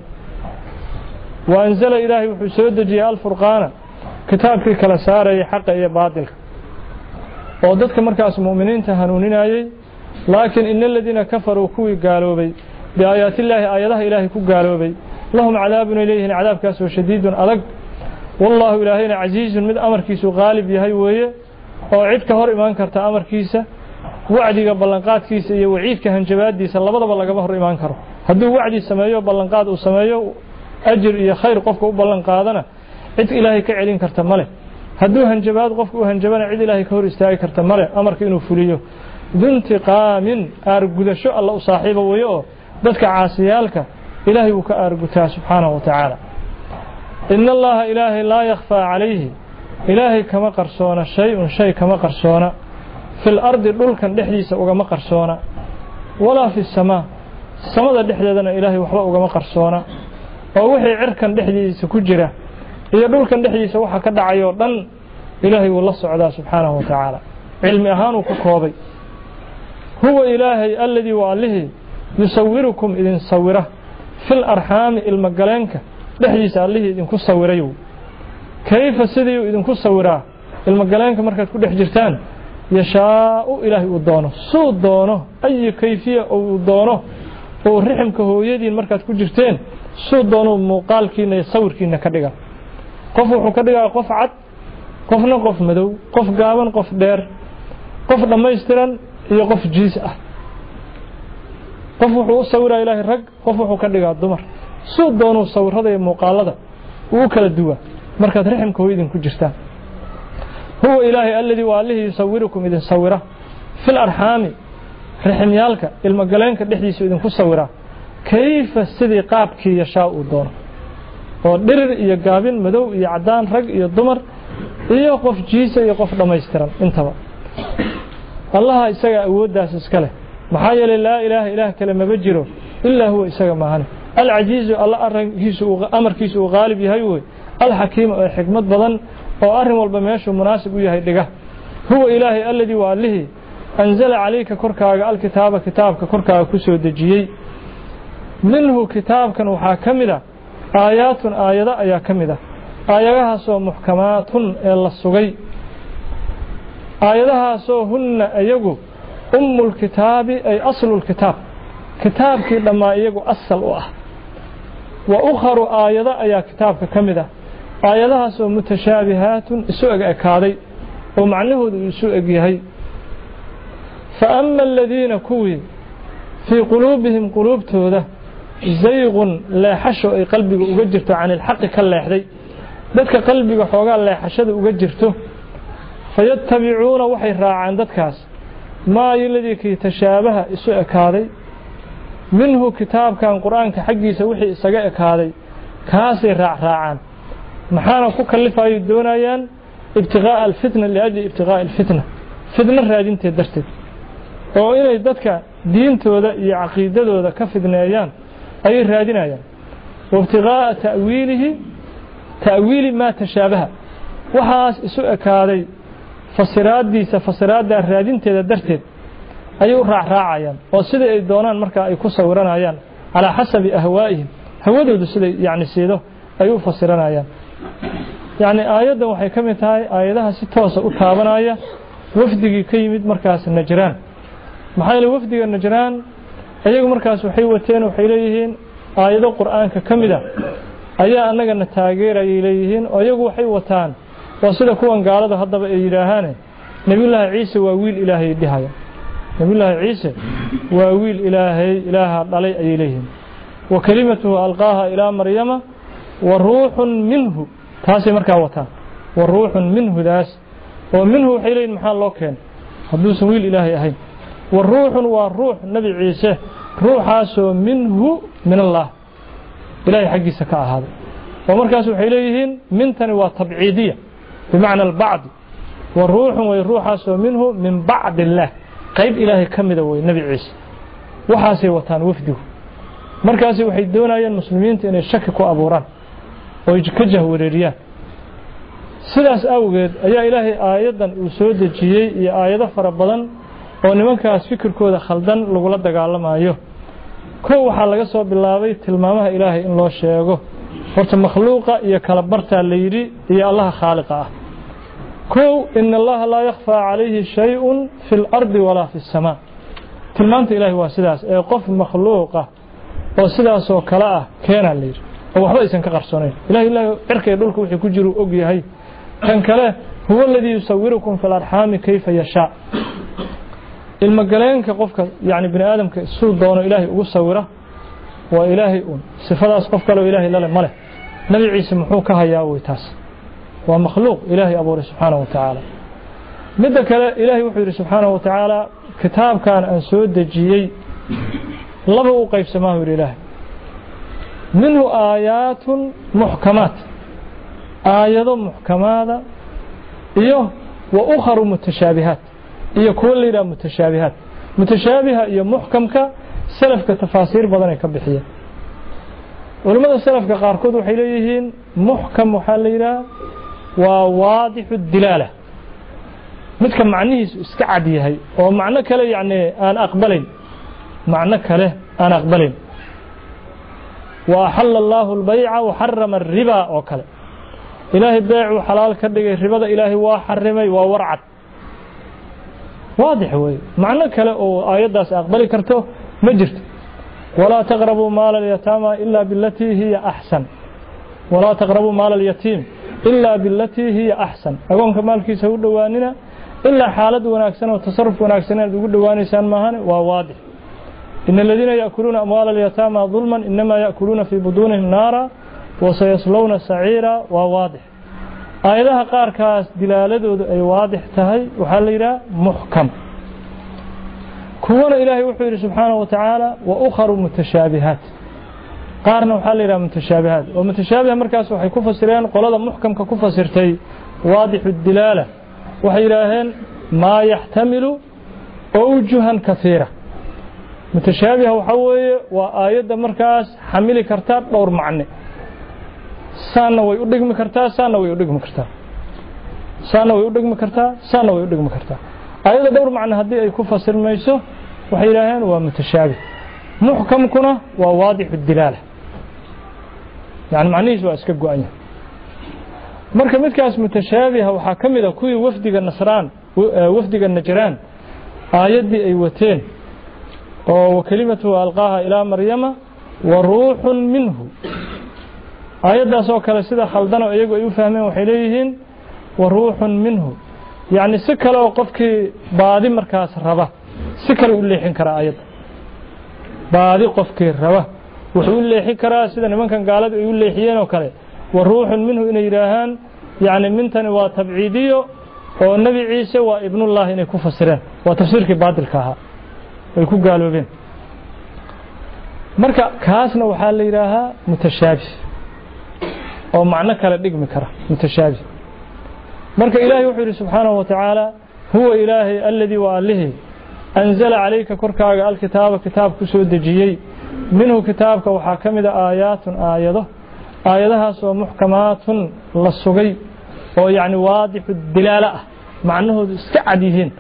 وأنزل إلهي وحسود دجيه الفرقان كتابك كلا ساري حق إيا باطل وضدك مركز مؤمنين تهنونين أي لكن إن الذين كفروا كوي قالوا بي بآيات الله آياتها إلهي كو قالوا بي لهم عذاب إليه عذاب كاسو شديد ألق والله إلهينا عزيز من أمر كيسو غالب يهي ويه وعيدك هور إيمان كرتا أمر كيسا وعدي بلنقات كيسا وعيدك هنجبات ديسا لبضا بلنقا بهور إيمان كرو هدو وعدي سمايو بلنقات وسمايو أجر يا خير قفك وبلن قادنا عد إلهي كعلين كرت ماله هدو هنجبات قفك وهنجبنا عد إلهي كهور استاي كرت ماله أمرك إنه فليه ذو انتقام أرجو شو الله صاحبه وياه ذاتك عاسيالك إلهي وكأرجوته سبحانه وتعالى إن الله إلهي لا يخفى عليه إلهي كما قرصونا شيء شيء كما قرصونا في الأرض دول كان دحديس وكما قرصونا ولا في السماء السماء دحدنا إلهي وحلا وكما قرصونا oo wixii cirkan dhexdiisa ku jira iyo dhulkan dhexdiisa waxa ka dhacayo dhan ilaahay wuu la socdaa subhanahu wa ta'ala cilmi ahaan uu ku koobay huwa ilaahay alladhi wa alihi yusawwirukum idin sawira fil arham ilmagalanka dhexdiisa alihi idin ku sawirayo kayfa sidii idin ku sawiraa ilmagalanka markaad ku dhex jirtaan yashaa ilaahay uu doono soo doono ay kayfiya uu doono oo riximka hooyadiin markaad ku jirteen soo doono muuqaalkiina iyo sawirkiina ka dhiga qof wuxuu ka dhigaa qof cad qofna qof madow qof gaaban qof dheer qof dhameystiran iyo qof jiis ah qof wuxuu sawiraa ilaahay rag qof wuxuu ka dhigaa dumar soo doono sawirada iyo muuqaalada uu kala duwa markaad riximka hooyadiin ku jirtaan huwa ilaahay alladhi wa alihi yusawwirukum idin sawira fil arhami riximyaalka ilmagaleenka dhexdiisa idin ku sawira كيف سدي قابك يشاء دون ودرر iyo gaabin madow iyo cadaan rag iyo dumar iyo qof jiisa iyo qof dhameystiran intaba Allah isaga awoodaas iska leh محايا لا إله إله كلمة بجره إلا هو إساق ماهانه العزيز الله أمر كيسو غالب يهيوه الحكيم حكمة بضن وأرهم والبمياش مناسب يهيدقه هو إلهي الذي وعله أنزل عليك كركا الكتاب كتابك كركا كسو دجيي منه كتاب كان وحاكمده آيات آيات آيا كمده آياتها سو محكمات إلا السغي آياتها سو هن أيقو أم الكتاب أي أصل الكتاب كتابك لما أيقو أصل وأه وأخر آيات آيا كتابك كمده آياتها سو متشابهات سوء أكادي ومعنه سوء يهي فأما الذين كوي في قلوبهم قلوب توده زيغ لا حشو أي قلبك أجرته عن الحق كلا يحدي ذاتك قلبك حوغا لا حشد أجرته فيتبعون وحي راعان ذاتكاس ما يلدي كي تشابه سوء كادي منه كتاب كان قرآن كحقي سوحي سقاء كادي كاسي راع راعان محانا كوكالفا يدونايان ابتغاء الفتنة لأجل ابتغاء الفتنة فتنة راجين تدرتد وإنه ذاتك دين تودا يعقيدة تودا كفتنايان أي راجينايان وابتغاء تأويله تأويل ما تشابه وحاس سوء كادي فصرات ديسا فصرات دا راجين تدرتد أي راع راعيان وصيدا الدونان مركا أي كسورانايان على حسب أهوائهم هودو دسيدا يعني سيدو أي فصرانايان يعني آيات waxay kamid tahay aayadaha si toos ah u taabanaya wafdigii ka yimid markaas Najraan maxay la wafdiga Najraan ayagu markaas waxay wateen waxay leeyihiin aayado Quraanka kamid ah ayaa anaga na taageeray leeyihiin ayagu waxay wataan waa sida kuwan gaalada hadaba ay yiraahaan Nabiyullaahi Ciise waa wiil Ilaahay dhahaya Nabiyullaahi Ciise waa wiil Ilaahay Ilaaha dhalay ay leeyihiin wa kalimatuhu alqaaha ila Maryama wa ruuhun minhu taasi markaa wataa wa ruuxun minhu daas oo minhu xileen maxaa loo keen haduu sawiil ilaahay ahayn wa ruuxun waa ruux nabi ciise ruuxaasoo minhu min allah ilaahay xaqiisa ka ahaaday oo markaas waxay leeyihiin mintani waa tabciidiya bimaana al-ba'd wa ruuxun way ruuxaasoo minhu min ba'd allah qayb ilaahay kamida way nabi ciise waxaasay wataan wafdigu markaas waxay doonayeen muslimiinta inay shaki ku abuuraan oo ka jahwareeriyaan sidaas awgeed ayaa ilaahay aayadan uu soo dejiyay iyo aayado fara badan oo nimankaas fikirkooda khaldan lagu la dagaalamayo koo waxa laga soo bilaabay tilmaamaha ilaahay in loo sheego horta makhluuqa iyo kala barta la yiri iyo allaha khaaliqa ah koo in allaha la yakhfa alayhi shay'un fil ardi wala fis samaa tilmaanta ilaahay waa sidaas ee qof makhluuqa oo sidaas oo kala ah keena la yiri waxba aysan ka qarsoonayn ilaahay ilaahay cirkay dhulka wixii ku jiro og yahay kan kale huwa alladhi yusawwirukum fil arham kayfa yasha ilma galeenka qofka yaani bini aadamka suu doono ilaahay ugu sawira waa ilaahay un sifadaas qof kale ilaahay la leh male nabi ciise muxuu ka hayaa way taas waa makhluuq ilaahay abuuray subhanahu wa ta'ala midda kale ilaahay wuxuu yiri subhanahu wa ta'ala kitaabkan aan soo dejiyay laba u qaybsamaa ilaahay منه آيات محكمات آيات محكمات إيه وأخر متشابهات إيه كل إلى متشابهات متشابهة إيه محكمك سلف كتفاصيل بدنا كبحية ولماذا سلف كقاركود وحيليهين محكم وحليلا وواضح الدلالة متكم معنيه استعدي هي ومعنى كله يعني أنا أقبلين معنى كله أنا أقبلين وأحل الله البيع وحرم الربا وكله إلهي البيع وحلال كدغي الربا إلهي وحرمي وورعت واضح وي معنى كله آيات أقبلي كرته مجرت ولا تقربوا مال اليتامى إلا بالتي هي أحسن ولا تقربوا مال اليتيم إلا بالتي هي أحسن أقول كمال كي سود دواننا إلا حالة وناكسنا وتصرف وناكسنا يقول دوانيسان ماهن وواضح إن الذين يأكلون أموال اليتامى ظلما إنما يأكلون في بطونهم نارا وسيصلون سعيرا وواضح آياتها قاركاس دلالته أي واضح تهي وحليرا محكم كون إلهي وحير سبحانه وتعالى وأخر متشابهات قارنا وحليرا متشابهات ومتشابه مركز وحي كفسرين قولada محكم كفسرتي واضح الدلالة وحيراهن ما يحتمل أوجها كثيرة متشابه وحوي وآيات مركز حمل كرتات دور معنى سانا ويودغم كرتا سانا ويودغم كرتا سانا ويودغم كرتا سانا ويودغم كرتا آيات دور معنى هدي أي كفسر ميسو وحيلهن ومتشابه محكم كنا وواضح الدلالة يعني معنيش واسكا غوانيا marka midkaas mutashaabih waxa kamida kuwii wafdiga nasraan wafdiga najraan aayadii ay wateen oo kalimatu alqaha ila maryama wa ruuhun minhu aayadaas oo kale sida khaldan oo iyagu ay u fahmeen waxay leeyihiin wa ruuhun minhu yaani si kale oo qofkii baadi markaas raba si kale u leexin kara aayada baadi qofkii raba wuxuu leexin karaa sida nimankan gaalada ay u leexiyeen oo kale وروح منه إن يراهن يعني من تني وتبعيديو والنبي عيسى وابن الله إن يكون فسران وتفسير كبعض الكها يكون قالوا بين مركا كاسنا وحال يراها متشابه أو معنى كلا دقم كرا متشابه مركا إلهي وحده سبحانه وتعالى هو إلهي الذي وآله أنزل عليك كركا الكتاب كتاب كسود جيي منه كتابك وحاكم آيات آياته آياتها سو محكمات للسوغي أو يعني واضح الدلالة معنه استعديهن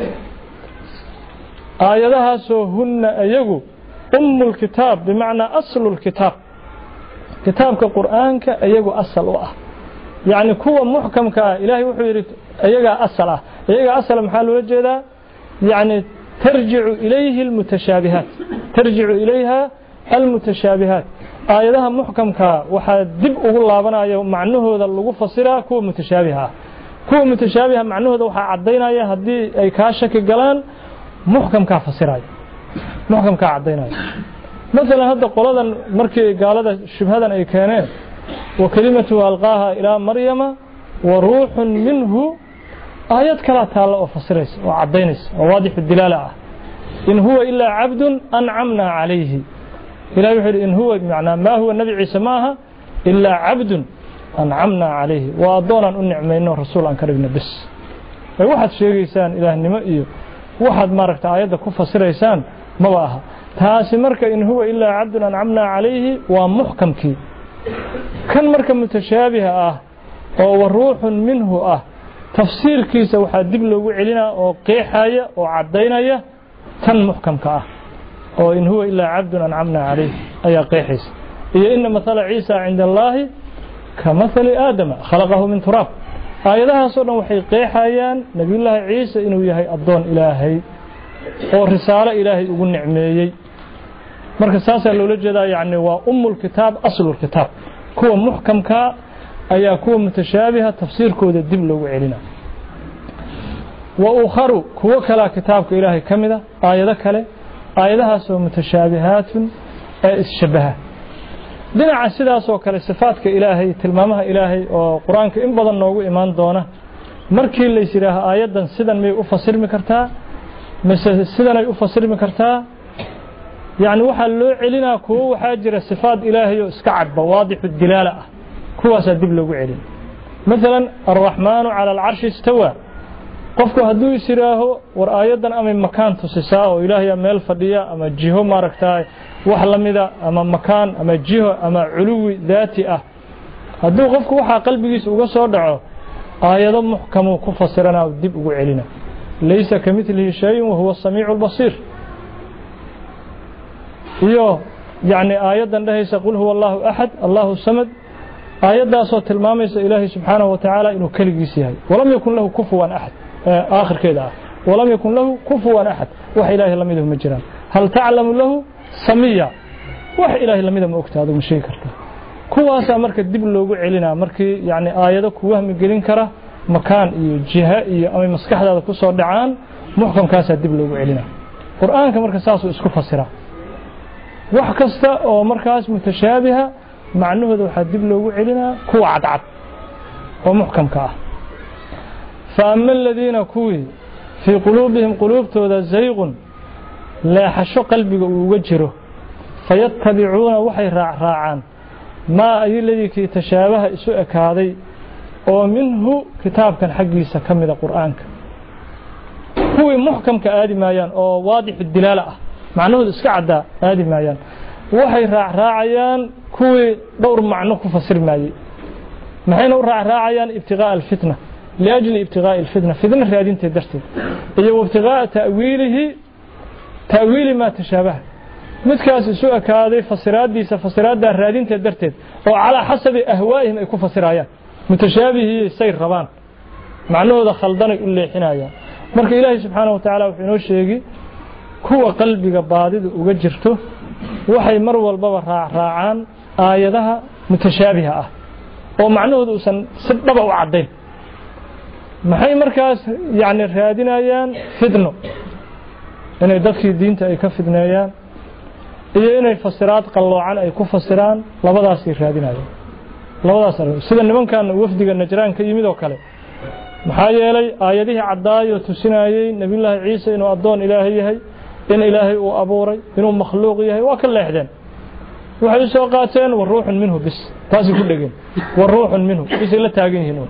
آياتها سو هن أيغو أم الكتاب بمعنى أصل الكتاب كتابك قرآنك أيغو أصل وآه يعني كو محكم كإلهي وحيري أيغا أصل أيغا أصل محل وجه يعني ترجع إليه المتشابهات ترجع إليها المتشابهات آياتها محكمكا waxaa dib ugu laabanayo macnahooda lagu fasiraa kuwa mutashabiha kuwa mutashabiha macnahooda waxa cadeynaya hadii ay ka shaki galaan muhkamka fasirayo muhkamka cadeynaya mesela hada qoladan markii gaalada shubhadan ay keeneen wa kalimatu alqaha ila maryama wa ruuhun minhu ayat kala taala oo fasiraysa oo cadeynaysa oo waadix dilala in huwa illa abdun an'amna alayhi إلهي يقول إن هو بمعنى ما هو النبي عيسى معها إلا عبد أنعمنا عليه وأضونا أن نعمينه رسول عن كربنا بس واحد شيء إنسان إله النمائي واحد ماركت آيات كفة سر إنسان مواها تاسي مركة إن هو إلا عبد أنعمنا عليه ومحكم كي كان مركة متشابهة آه وروح منه آه تفسير كيسة واحد دبلو علينا وقيحايا وعدينا كان محكم كآه أو إن هو إلا عبد أنعمنا عليه أي قيحيس إيه إن مثل عيسى عند الله كمثل آدم خلقه من تراب آياتها صورنا وحي قيحيان نبي الله عيسى إنه يهي أبدون إلهي أو رسالة إلهي يقول نعمي مركز ساسا لو لجدا يعني وأم الكتاب أصل الكتاب كو محكم كا أي كو متشابهة تفسير كو الدب لو علينا وأخر كو كلا كتابك إلهي كمدة آيات كلا آياتها سو متشابهات الشبهة دينا سيدا سو كلا صفاتك إلهي تلمامها إلهي وقرآنك إن بدن نوغو إيمان دونه markii la yiraahdo aayadan sidan may u fasirmi kartaa mise sidan ay u fasirmi kartaa yaani waxa loo celinaa kuwa waxa jira sifaad ilaahay oo iska cad waadix dilala ah kuwaas dib loogu celin mesela ar-rahmaanu ala al-arsh istawa qofku haduu isiraaho war aayadan ama makaan tusisaa oo ilaahay meel fadhiya ama jiho maaragtay wax lamida ama makaan ama jiho ama culuwi daati ah haduu qofku waxa qalbigiisa uga soo dhaco آيات محكمة كفسرنا ودب وعلنا ليس كمثله شيء وهو السميع البصير يو يعني آيات ليس قل هو الله أحد الله الصمد آيات صوت المامس إلهي سبحانه وتعالى إنه كلجيسيه ولم يكن له كفوا أحد آخر كذا ولم يكن له كفوا أحد وحي إلهي لم يده مجران هل تعلم له سميا وحي إلهي لم يده مؤكت هذا مشي كرته kuwaas marka dib loogu celinaa markii yaani aayado ku wahmi gelin kara makaan iyo jiha iyo ama maskaxdaada ku soo dhacaan muhkamkaas dib loogu celinaa quraanka marka saas uu isku fasira wax kasta oo markaas mutashaabiha macnuhooda waxa dib loogu celinaa kuwa cadcad oo muhkamka ah فأما الذين كوي في قلوبهم قلوبتooda zayqun la xasho qalbiga uu wajiro fayatabi'una waxay raacaan ما أي الذي كي تشابه سوء كاذي ومنه كتاب كان حقي سكمل قرآنك هو محكم كآدي مايان أو واضح الدلالة معنوه إسكعدا هذه مايان وحي راع راعيان كوي دور معنوه كفسر ماي محين راع راعيان ابتغاء الفتنة لأجل ابتغاء الفتنة فتنة ريادين تدرتي إيه وابتغاء تأويله تأويل ما تشابه متكاس سوء كاذي فسرات دي فسرات ده ريادين تدرتي وعلى حسب أهوائهم يكون فسرايان متشابه سير ربان معنوه ذا خلدان اللي حنايا marka ilaahay subhanahu wa ta'ala wuxuu inoo sheegay kuwa qalbiga baadida uga jirto waxay mar walba raacaan aayadaha mutashaabiha ah oo macnahoodu uusan si dhab u cadeyn maxay markaas yaani raadinayaan fidno inay dadkii diinta ay ka fidneeyaan iyo inay fasiraad qaloocan ay ku fasiraan labadaas ay raadinayaan labadaas sida nimankan wafdiga najraan ka yimid oo kale maxaa yeelay aayadihi cadaayo tusinayay nabiyullaahi ciise inuu adoon ilaahay yahay in ilaahay uu abuuray inuu makhluuq yahay waa ka leexdeen waxay soo qaateen war ruuxun minhu bis taasi ku dhageen war ruuxun minhu bis la taagan yihiin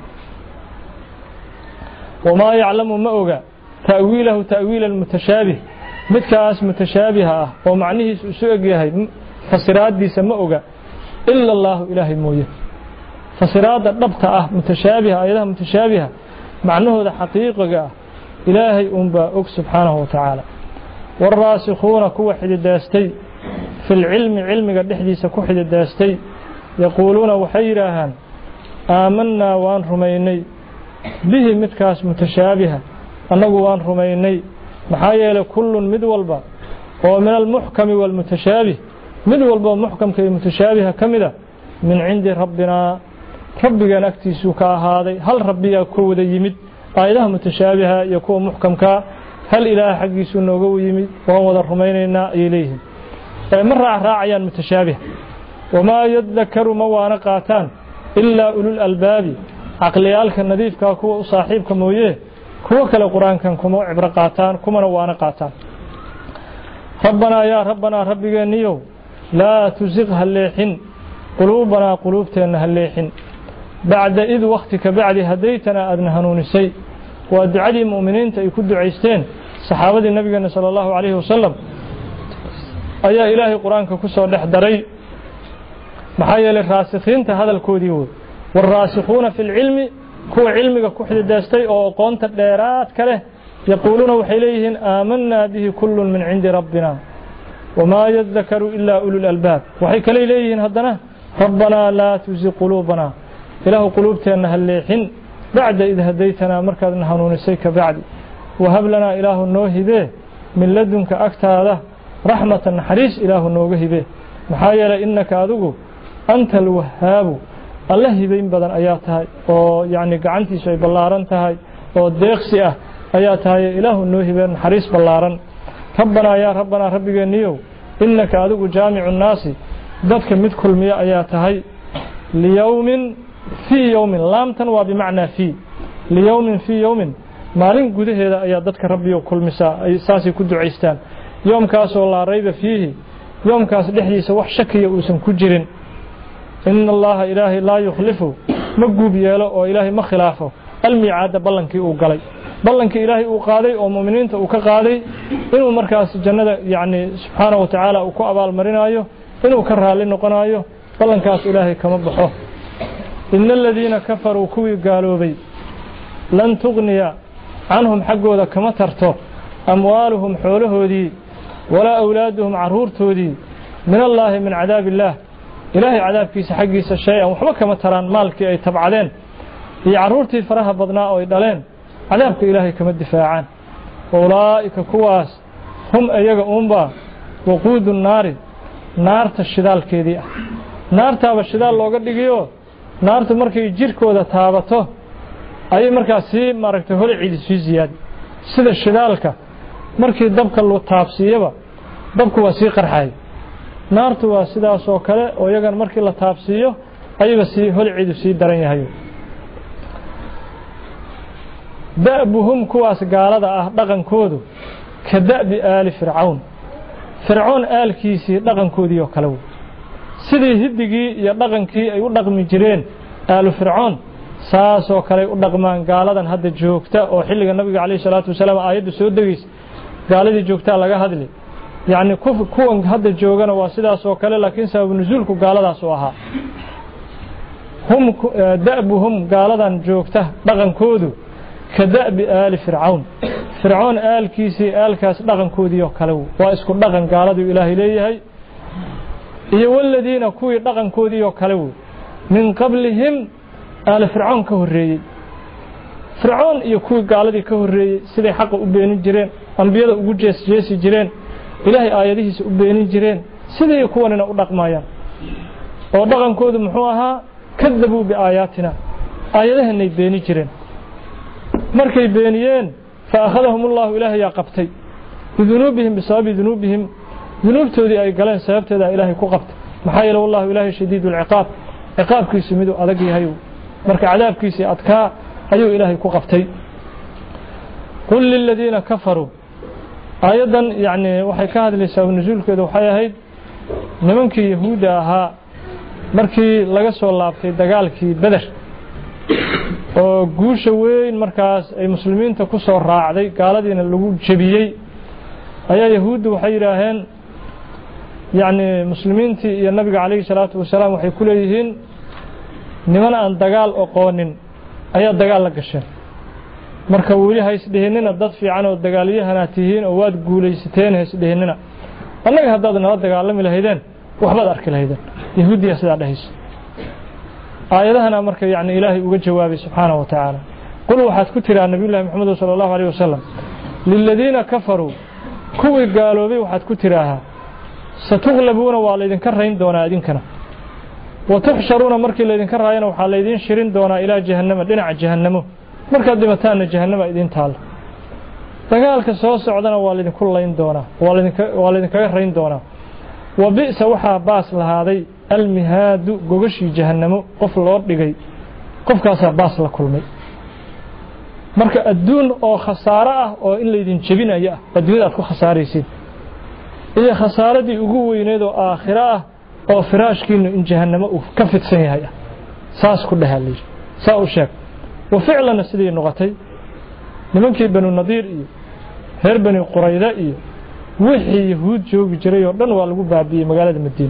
wama ya'lamu ma oga ta'wiilahu ta'wiil al-mutashaabih midkaas mutashaabih ah oo macnihiisu soo eg yahay fasiraadiisa ma oga illa allah ilaahay mooyee fasiraada dhabta ah mutashaabih ayadaha mutashaabih معنوه حقيقة إلهي أنبا أك سبحانه وتعالى والراسخون كو حد الداستي في العلم علم قد حديث كو حد الداستي يقولون وحيراهان آمنا وان رميني به متكاس متشابهة أنه وان رميني محايا لكل مدولبا ومن المحكم والمتشابه مدولبا محكم كي متشابهة كمدة من عند ربنا ربنا نكتسو كهذا هل ربي يكون يمد آياتها متشابهة يكون محكم كا هل إله حق سنوجو يمد وهو الرميننا إليهم مرة راعيا متشابه وما يذكر موانا قاتان إلا أولو الألباب عقليالك النظيف كاكو صاحبك مويه كو كلا قرآن كان كمو عبر قاتان كما نوانا قاتان ربنا يا ربنا ربي نيو لا تزغها الليحن قلوبنا قلوبتنا الليحن بعد إذ وقتك بعد هديتنا أدنى هنونسي وأدعى المؤمنين تيكد عيستين صحابة النبي صلى الله عليه وسلم أيها إلهي قرآنك كسر لحدري محايا للراسخين هذا الكوديود والراسخون في العلم كو علمك كحد الداستي أو قونت الديرات كله يقولون وحيليهن آمنا به كل من عند ربنا وما يذكر إلا أولو الألباب وحي كليليهن هدنا ربنا لا تزغ قلوبنا إله قلوبتنا هالليحن بعد إذ هديتنا مركز نهانون السيك بعد وهب لنا إله النوه به من لدنك أكتاله رحمة حريص إله النوه به محايا إنك أذوه أنت الوهاب الله بين بدن آياتها ويعني قعنتي شيء بلارنتها وديقسئة آياتها إله النوه به حريص بلارن ربنا يا ربنا ربك نيو إنك أذوه جامع الناس ذاتك مدكل مياه آياتها ليوم في يوم لام تنوى بمعنى في ليوم في يوم مالين قده هذا أيها ذاتك ربي وكل مساء أي ساسي كدو عيستان يوم كاس والله ريب فيه يوم كاس لحدي سوح شكي يؤسم كجرين إن الله إلهي لا يخلفه مقوب ياله وإلهي ما خلافه الميعاد بلنكي وقالي بلنكي إلهي وقالي ومؤمنين وكقالي إنه مركز الجنة يعني سبحانه وتعالى وكأبا المرينايو إنه كرها لنقنايو بلنكاس إلهي كمبحوه إن الذين كفروا كوي قالوا بي لن تغني عنهم حقوا ذا كما ترتو أموالهم حوله دي ولا أولادهم عرورته دي من الله من عذاب الله إلهي عذاب كيس حقيس الشيء وحبك كما تران مالك أي تبعلين هي عرورتي فرها بضناء ويدالين عذابك إلهي كما الدفاعان أولئك كواس هم أيها أمبا وقود النار نار الشدال كيدي نار تاب الشدال لو قد لقيوه naartu markay jirkooda taabato ay markaas si maaragtay hol ciid si ziyaad sida shidaalka markii dabka loo taabsiiyaba dabku waa si qarxay naartu waa sidaas oo kale oo iyagan markii la taabsiiyo ayaga si hol ciid si daran yahay da'buhum kuwaas gaalada ah dhaqankoodu ka da'bi aali fircawn fircawn aalkiisii dhaqankoodii oo kale sidii hidigii iyo dhaqankii ay u dhaqmi jireen aalu fircoon saas oo kale u dhaqmaan gaaladan hadda joogta oo xilliga nabiga kaleey salaatu wasalaam aayadu soo dagis gaaladii joogta laga hadli يعني كف كون هذا جوجنا واسدا سوكله لكن سبب نزولك قال هذا سوها هم دأبهم قال هذا جوكته دغن كودو كدأب آل فرعون فرعون آل كيسي آل كاس دغن كوديو كلو واسكو دغن قال هذا إلهي ليه iyo waladiina kuwii dhaqankoodii oo kale uu min qablihim aal fir'aun ka horeeyay fir'aun iyo kuwii gaaladii ka horeeyay siday xaq u beenin jireen anbiyada ugu jeesjeesi jireen ilaahay aayadihiisa u beenin jireen siday kuwanina u dhaqmayaan oo dhaqankoodu muxuu ahaa kadabu bi aayatina aayadahanay beenin jireen markay beeniyeen fa akhadahum allah ilaahay ya qabtay bidunubihim bisababi dunubihim ذنوبتودي ay galeen sababteeda ilaahay ku qabta maxaa yeelay wallahu ilaahay shadiidul ciqaab ciqaabkiisu mid adag yahay marka cadaabkiisa adka ayuu ilaahay ku qabtay qul lil ladina kafaru ayadan yaani waxay ka hadlaysaa nuzuulkeedu waxay ahayd nimankii yahuuda ahaa markii laga soo laabtay dagaalkii badar oo guusha weyn markaas ay muslimiinta ku soo raacday gaaladiina lagu jabiyay ayaa yahuudu waxay yiraahdeen يعني مسلمين تي النبي عليه الصلاة والسلام وحي كليهن نمنا أن دجال أقوانين أي دجال لقشة مركبولي هاي سدهننا ضد في عنو الدجالية هناتيهن أواد قولي ستين هاي سدهننا الله هذا الدجال لم يلهيدن وحبا أرك الهيدن يهودي يسد على هيس آية هنا مركب يعني إلهي وجه جوابي سبحانه وتعالى قلوا حد كتير عن نبي الله محمد صلى الله عليه وسلم للذين كفروا كوي قالوا بي وحد كتيرها ستغلبون والدين كرهين دونا إذنكنا وتحشرون مركي الذين كرهين وحاليدين شرين دونا إلى جهنم دينع جهنم مركي دمتان جهنم إذن تال فقال كسوس عدنا والدين كلين دونا والدين كرهين دونا وبئس وحا باس لهذه المهاد قوغشي جهنم قفل الأرضي قف كاسا باس لكلمي مركي الدون أو خسارة أو إن ليدين جبين أياه الدون أتكو خساريسين إذا خسارتي ugu weyneed oo aakhira ah oo firaashkiinu in jahannamo uu ka fidsan yahay saas ku dhahalay saa u sheeg wa ficlan sidii noqotay nimankii banu nadiir iyo heer bani qurayda iyo wixii yahuud joogi jiray oo dhan waa lagu baabiyay magaalada madiina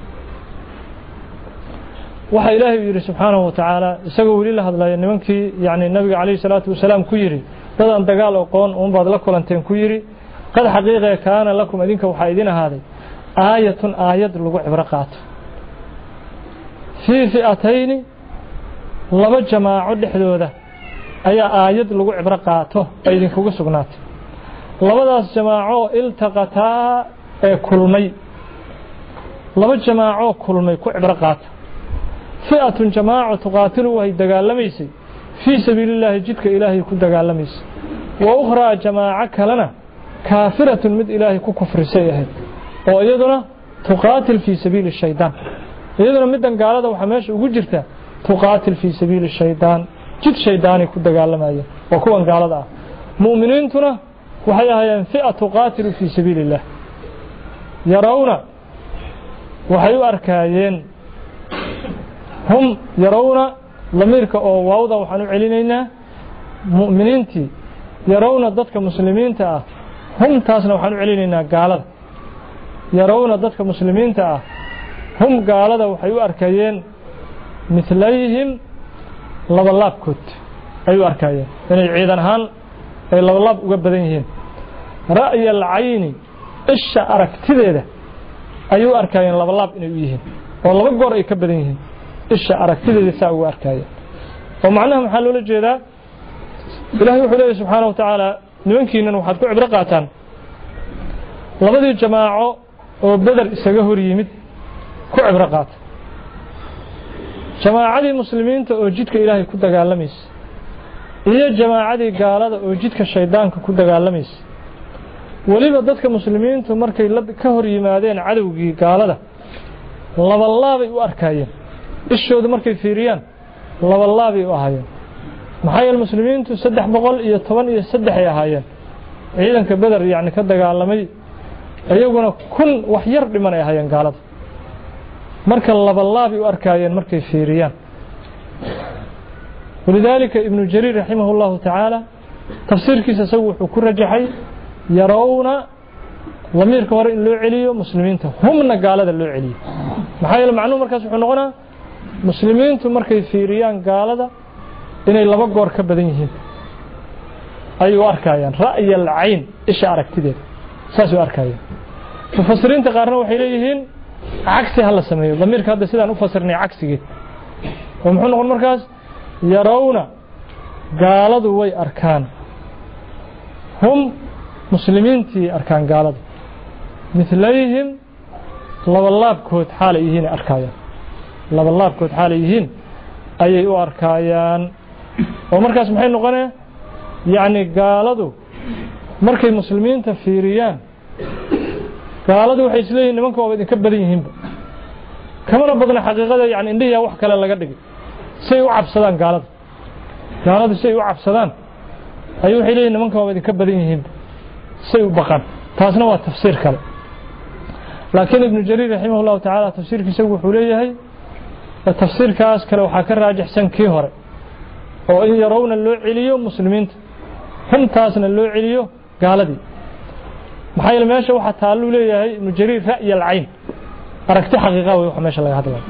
waxa ilaahay yiri subhanahu wa ta'ala isagoo wali la hadlayo nimankii yaani nabiga kaleey salaatu wasalaam ku yiri dadaan dagaal aqoon oo baad la kulanteen ku yiri قد حقيقة كان لكم أذنك وحايدين هذه آية آية لغو عبرقات في فئتين لما جماعة لحدودة أي آية لغو عبرقاته أيدين كوغو سقنات لما داس جماعة التقطا كلمي لما جماعة كلمي كو عبرقات فئة جماعة تقاتل وهي دقالميسي في سبيل الله جدك إلهي كو دقالميسي وأخرى جماعة كلنا كافرة مد إلهي كو كفر سيئة وإيضنا تقاتل في سبيل الشيطان إيضنا مدن قالة وحماش وجرته تقاتل في سبيل الشيطان جد شيطاني كو دقال مايا وكوان قالة مؤمنين تنا وحيها ينفئة تقاتل في سبيل الله يرون وحيو أركايين هم يرون لميرك أو واوضا وحنو علينا مؤمنين تي يرون ضدك مسلمين تا هم تاسنا وحنو علينا قالة يرون ضدك مسلمين تا هم قالة وحيو أركايين مثليهم لبلاب كت أيو أركايين يعني عيدان هان أي لبلاب وقبدينهم رأي العين إيش أركتده أيو أركايين لبلاب إنه يهين والله بقور أي كبدينهم إيش أركتده ساوي أركايين ومعناهم حلو للجيدة إلهي وحده سبحانه وتعالى نمكن أن وحد كعب رقاتان لبدي الجماعة وبدر إساقهر يمد كعب رقات جماعة المسلمين تأجدك إلهي كنت قالميس إذا جماعة قالت أجدك الشيطان كنت قالميس وليبا ضدك مسلمين تمركي كهر يمادين عدوكي قالت لبا الله بيو أركاين إشو دمركي فيريان لبا الله بيو أهايان محايا المسلمين تسدح بقول إيا طبان إيا سدح يا هايان عيدان كبدر يعني كده قالمي أيقونا كل وحير لمن يا هايان قالت مركا لبا الله بيو أركاين مركي فيريان ولذلك ابن جرير رحمه الله تعالى تفسير كيس سوح وكل رجحي يرون ضمير كور إن لو عليه مسلمين هم نقال هذا لو عليه محايل معلومة مركز حنقنا مسلمين تمركز في ريان قال هذا إن الله بقور كبدينهم أيوة أركايان رأي العين إيش أركتده ساسو أركايان مفسرين تقارنوا وحيليهن عكسي هلا سميه ضمير هذا سيدا نفسرني عكسي ومحن نقول مركز يرون قالوا وي أركان هم مسلمين تي أركان قالوا مثليهم لبلاب كود حاليهن أركايان لبلاب كود حاليهن أي أركايان ومركز محين نقول يعني قالوا مركز مسلمين تفيريان قالوا waxay isleeyihiin nimanka waa idin ka badan yihiin kamana badna xaqiiqada yani indhiya wax kale laga dhigay say u cabsadaan gaalada gaalada say u cabsadaan ayuu waxay leeyihiin nimanka waa idin ka badan yihiin say u baqan taasna waa tafsiir kale laakiin ibn jarir rahimahullahu ta'ala tafsiirkiisa wuxuu leeyahay tafsiirkaas kale waxa ka raajixsan kii hore oo in yarawna loo celiyo muslimiinta hantaasna loo celiyo gaaladii maxay meesha waxa taalu leeyahay ibn jarir ra'y al-ayn aragti xaqiiqa way waxa meesha laga hadlayo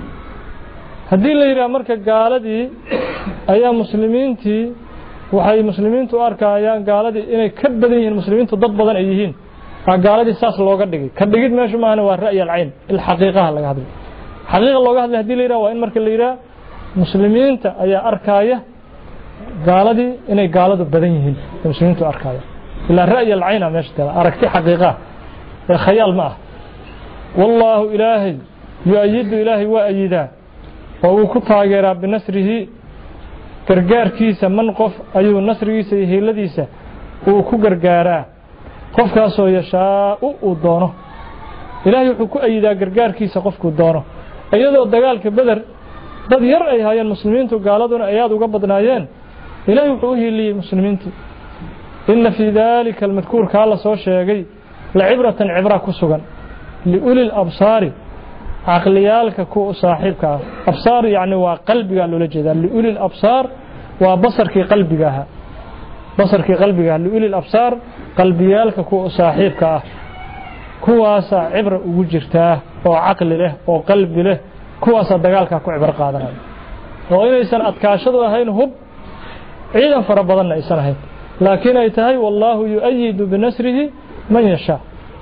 hadii la yiraahdo marka gaaladii ayaa muslimiintii waxay muslimiintu arkayaan gaaladii inay ka badan yihiin muslimiintu dad badan ay yihiin gaaladii saas looga dhigay ka dhigid meesha maana waa ra'y al-ayn il xaqiiqa laga hadlayo xaqiiqa looga hadlayo hadii la yiraahdo waa in marka la yiraahdo muslimiinta ayaa arkaya gaaladii inay gaaladu badan yihiin muslimiintu arkaya إلا رأي العين مشترى أركتي حقيقة خيال معه والله إلهي يؤيد إلهي وأيدا وهو كتاجر بنصره كرجار كيسة منقف أيو النصر كيسة هي الذيسة وهو كجرجارا قف كاسو يشاء ودانه إلهي يحكو أيدا كرجار كيسة قف كودانه أيضا الدجال كبدر ضد يرأي هاي المسلمين تقالدون أياد وقبضنا يان إلهي يحكوه لي مسلمين إن في ذلك المذكور كالله سوى شيء لعبرة عبرة كسوغا لأولي الأبصار عقليالك كو صاحبك أبصار يعني وقلبك قالوا لجدا لأولي الأبصار وبصرك قلبك بصرك قلبك لأولي الأبصار قلبيالك كو صاحبك كواسا عبرة وجرتاه وعقل له وقلب له كواسا دقالك كو عبرة قادرة وإن إيسان أتكاشدوا هين هب عيدا فربضنا إيسان هين لكن أيتهي والله يؤيد بنصره من يشاء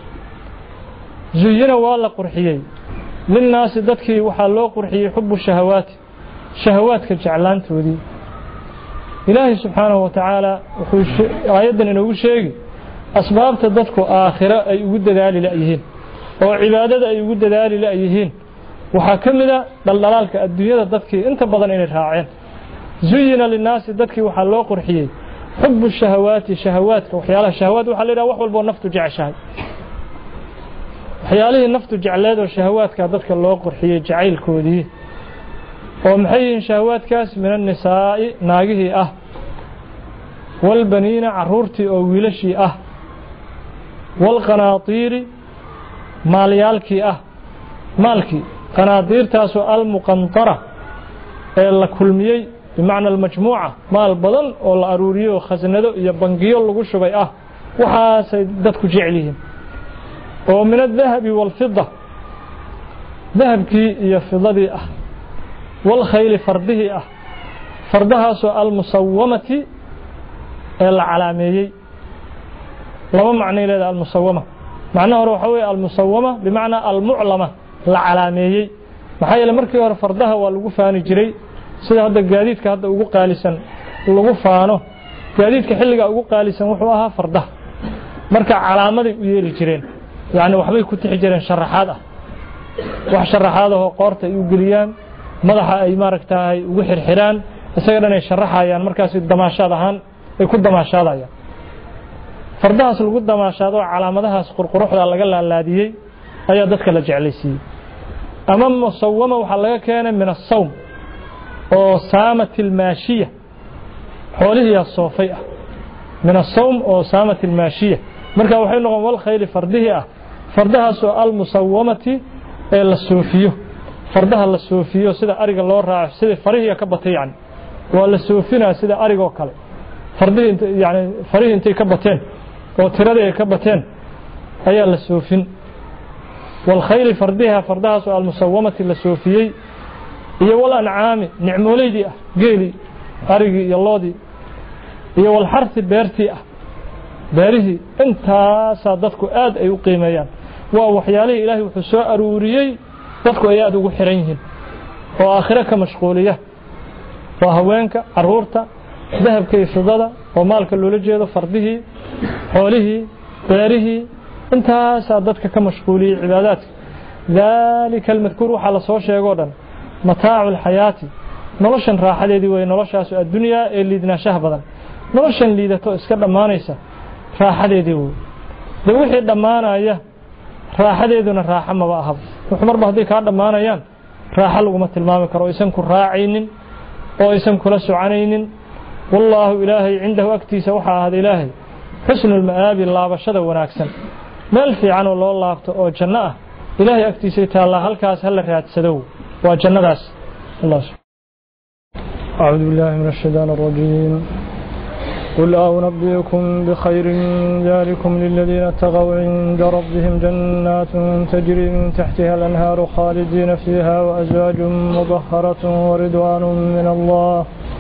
زينا والله قرحيي للناس ددكي وحا لو قرحيي حب الشهوات شهوات كجعلان تودي إلهي سبحانه وتعالى آيادا إنه شيء أسباب تددكو آخرة أي وجد ذالي لأيهين وعبادة أي وجد ذالي لأيهين وحاكمنا دلالك الدنيا ددكي انت بضن إن الراعين زينا للناس ددكي وحا لو قرحيي حب الشهوات شهوات وحيالها الشهوات وحليلها وحول بو نفط جعشها وحيالها النفط جعلاد والشهوات كادتك الله قرحية جعيل كودي ومحيين شهوات كاس من النساء ناقه أه والبنين عرورتي أو ويلشي أه والقناطير ماليالكي أه مالكي قناطير تاسو المقنطرة إلا كلميي بمعنى المجموعة مال بدن أو الأروريو خزنده يبنجيو لغو شبي أه وحا سيدتكو جعليهم ومن الذهب والفضة ذهب كي يفضة أه والخيل فرده أه فردها سؤال المصومة العلامية لما معنى لذا المصومة معناه روحوي المصومة بمعنى المعلمة العلامية محايا لمركي فردها والوفاني جري sida hadda gaadiidka hadda ugu qaalisan lagu faano gaadiidka xilliga ugu qaalisan wuxuu ahaa fardaha marka calaamaday u yeeli jireen yaani waxbay ku tixi jireen sharaxaad ah wax sharaxaad ah oo qoorta ay u galiyaan madaxa ay maaragtaay ugu xirxiraan isaga ay sharaxayaan markaas damaashaad ahaan ay ku damaashaadayaan fardahaas lagu damaashaado calaamadahaas qurquruxda laga laalaadiyay ayaa dadka la jeclaysiiyay ama musawwama waxa laga keenay min as-sawm oo saamat al-maashiya xoolihiya soofay من الصوم أو سامة الماشية مركا waxay noqon wal khayl fardihi ah fardahaas oo al musawamati ee la soofiyo fardaha la soofiyo sida ariga loo raaco sida farihiya ka batay yani waa la soofinaa sida ariga oo kale fardihi yani farihi intay ka bateen oo tirada ay ka bateen أي السوفين والخيل فردها فردها سؤال المسومة السوفيي هي والأنعام نعمولي دي قيلي أرقي يالله هي والحرث بيرتي بارهي انت صادتك آد أي قيميان ووحيالي إلهي وحساء أروريي dadku ay aad ugu xiran yihiin oo aakhira ka mashquuliya waa haweenka caruurta dahabka iyo fidada oo maalka loola jeedo fardihii xoolihii beerihii intaas dadka ka mashquuliya cibaadaadka dalika almadhkur waxa la soo sheego dhan mataa'ul hayati noloshan raaxadeedii way noloshaas adduunyo ee liidnaanshaha badan noloshan liidato iska dhamaanaysa raaxadeedii way wixii dhamaanaya raaxadeeduna raaxa ma aha wuxuu marba hadii ka dhamaanayaan raaxa lagu ma tilmaami karo isan ku raacaynin oo isan kula soconaynin wallahu ilaahi indahu aktiisa waxa ahad ilaahi xusnul maabi laabashada wanaagsan meel fiican oo loo laabto oo janno ah ilaahi aktiisa taala halkaas hal raadsado waa jannadaas allah a'uudu billahi minash shaytaanir rajiim قل أنبئكم بخير من ذلكم للذين اتقوا عند ربهم جنات تجري من تحتها الأنهار خالدين فيها وأزواج مطهرة ورضوان من الله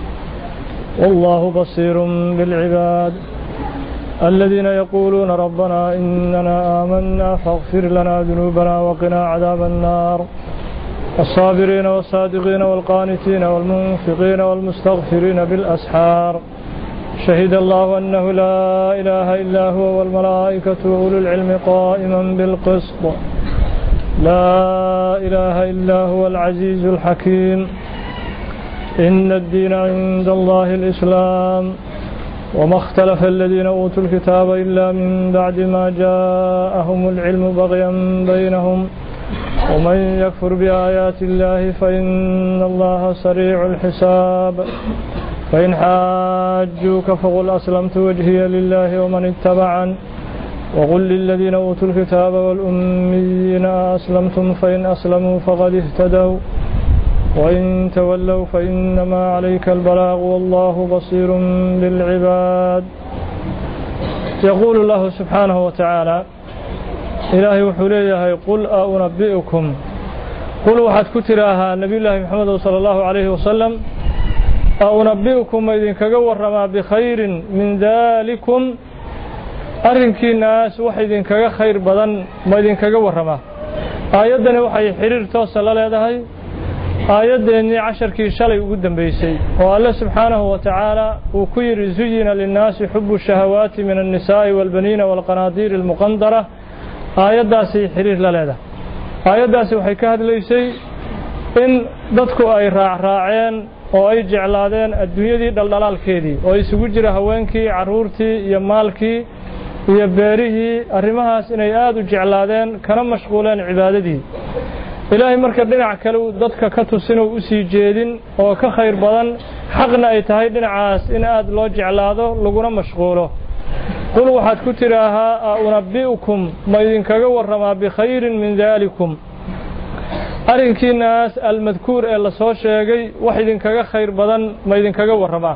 والله بصير بالعباد الذين يقولون ربنا إننا آمنا فاغفر لنا ذنوبنا وقنا عذاب النار الصابرين والصادقين والقانتين والمنفقين والمستغفرين بالأسحار شهد الله أنه لا إله إلا هو والملائكة وأولو العلم قائما بالقسط لا إله إلا هو العزيز الحكيم إن الدين عند الله الإسلام وما اختلف الذين أوتوا الكتاب إلا من بعد ما جاءهم العلم بغيا بينهم ومن يكفر بآيات الله فإن الله سريع الحساب فإن حاجوك فقل أسلمت وجهي لله ومن اتبعن وقل للذين أوتوا الكتاب والأميين أسلمتم فإن أسلموا فقد اهتدوا وإن تولوا فإنما عليك البلاغ والله بصير بالعباد يقول الله سبحانه وتعالى إلهي وحليه قل أنبئكم قل وحد كتراها نبي الله محمد صلى الله عليه وسلم أنبئكم إذن كجورما بخير من ذلكم أرنكي الناس وحيدين كجا خير بدن ما إذن كجورما آياتنا وحي حرير توصل على هذه آياتنا عشر كي شلي قدام بيسي والله سبحانه وتعالى وكير زين للناس حب الشهوات من النساء والبنين والقناطير المقنطرة آيات داسي حرير لهذا آيات داسي وحي كهد ليسي إن dadku ay raacraaceen oo ay jeclaadeen adduunyadii dhaldhalaalkeedii oo isugu jira haweenkii caruurtii iyo maalkii iyo beerihii arrimahaas inay aad u jeclaadeen kana mashquuleen cibaadadii ilaahay marka dhinac kale dadka ka tusin oo u sii jeedin oo ka khayr badan xaqna ay tahay dhinacaas in aad loo jeclaado laguna mashquulo qul waxaad ku tiraahaa unabbiukum ma idinkaga warramaa bikhayrin min dalikum arinkii naas almadkuur ee la soo sheegay wax idinkaga khayr badan ma idinkaga warramaa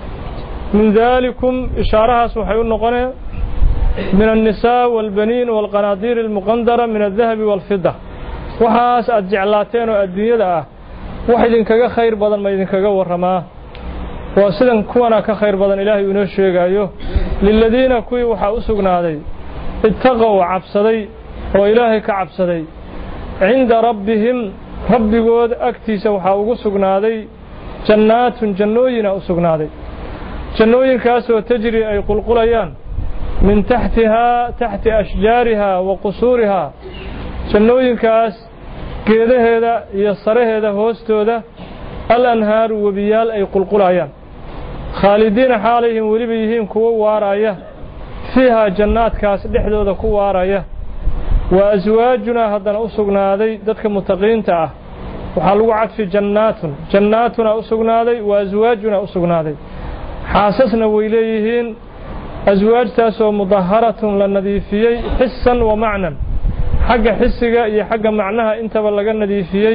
min dalikum ishaarahaas waxay u noqonee min الnisaa wاlbaniin wاlqanaadiir اlmuqandara min الdahabi wاlfida waxaas aad jeclaateen oo adduunyada ah wax idinkaga khayr badan ma idinkaga warramaa waa sidan kuwana ka khayr badan ilaahay inoo sheegayo liladiina kuwii waxaa u sugnaaday ittaqow cabsaday oo ilaahay ka cabsaday عند ربهم ربكود أكتيس وحا ugu sugnaaday jannaatun jannooyin u sugnaaday jannooyinkaas oo tajri ay qulqulayaan min tahtiha tahti ashjariha wa qusurha jannooyinkaas geedaheeda iyo saraheeda hoostooda al-anhaar wabiyal ay qulqulayaan khaalidiina xaalayhim waliba yihiin kuwa waaraya fiha jannaatkaas dhexdooda ku waaraya وأزواجنا هذا أسقنادي ذاتك متقين تاه وحلو عد في جنات جناتنا أسقنادي وأزواجنا أسقنادي حاسسنا وإليهن أزواج تاسو مظهرة للنذيفيي حسا ومعنى حق حسك يا حق معناها انت بلغ النذيفيي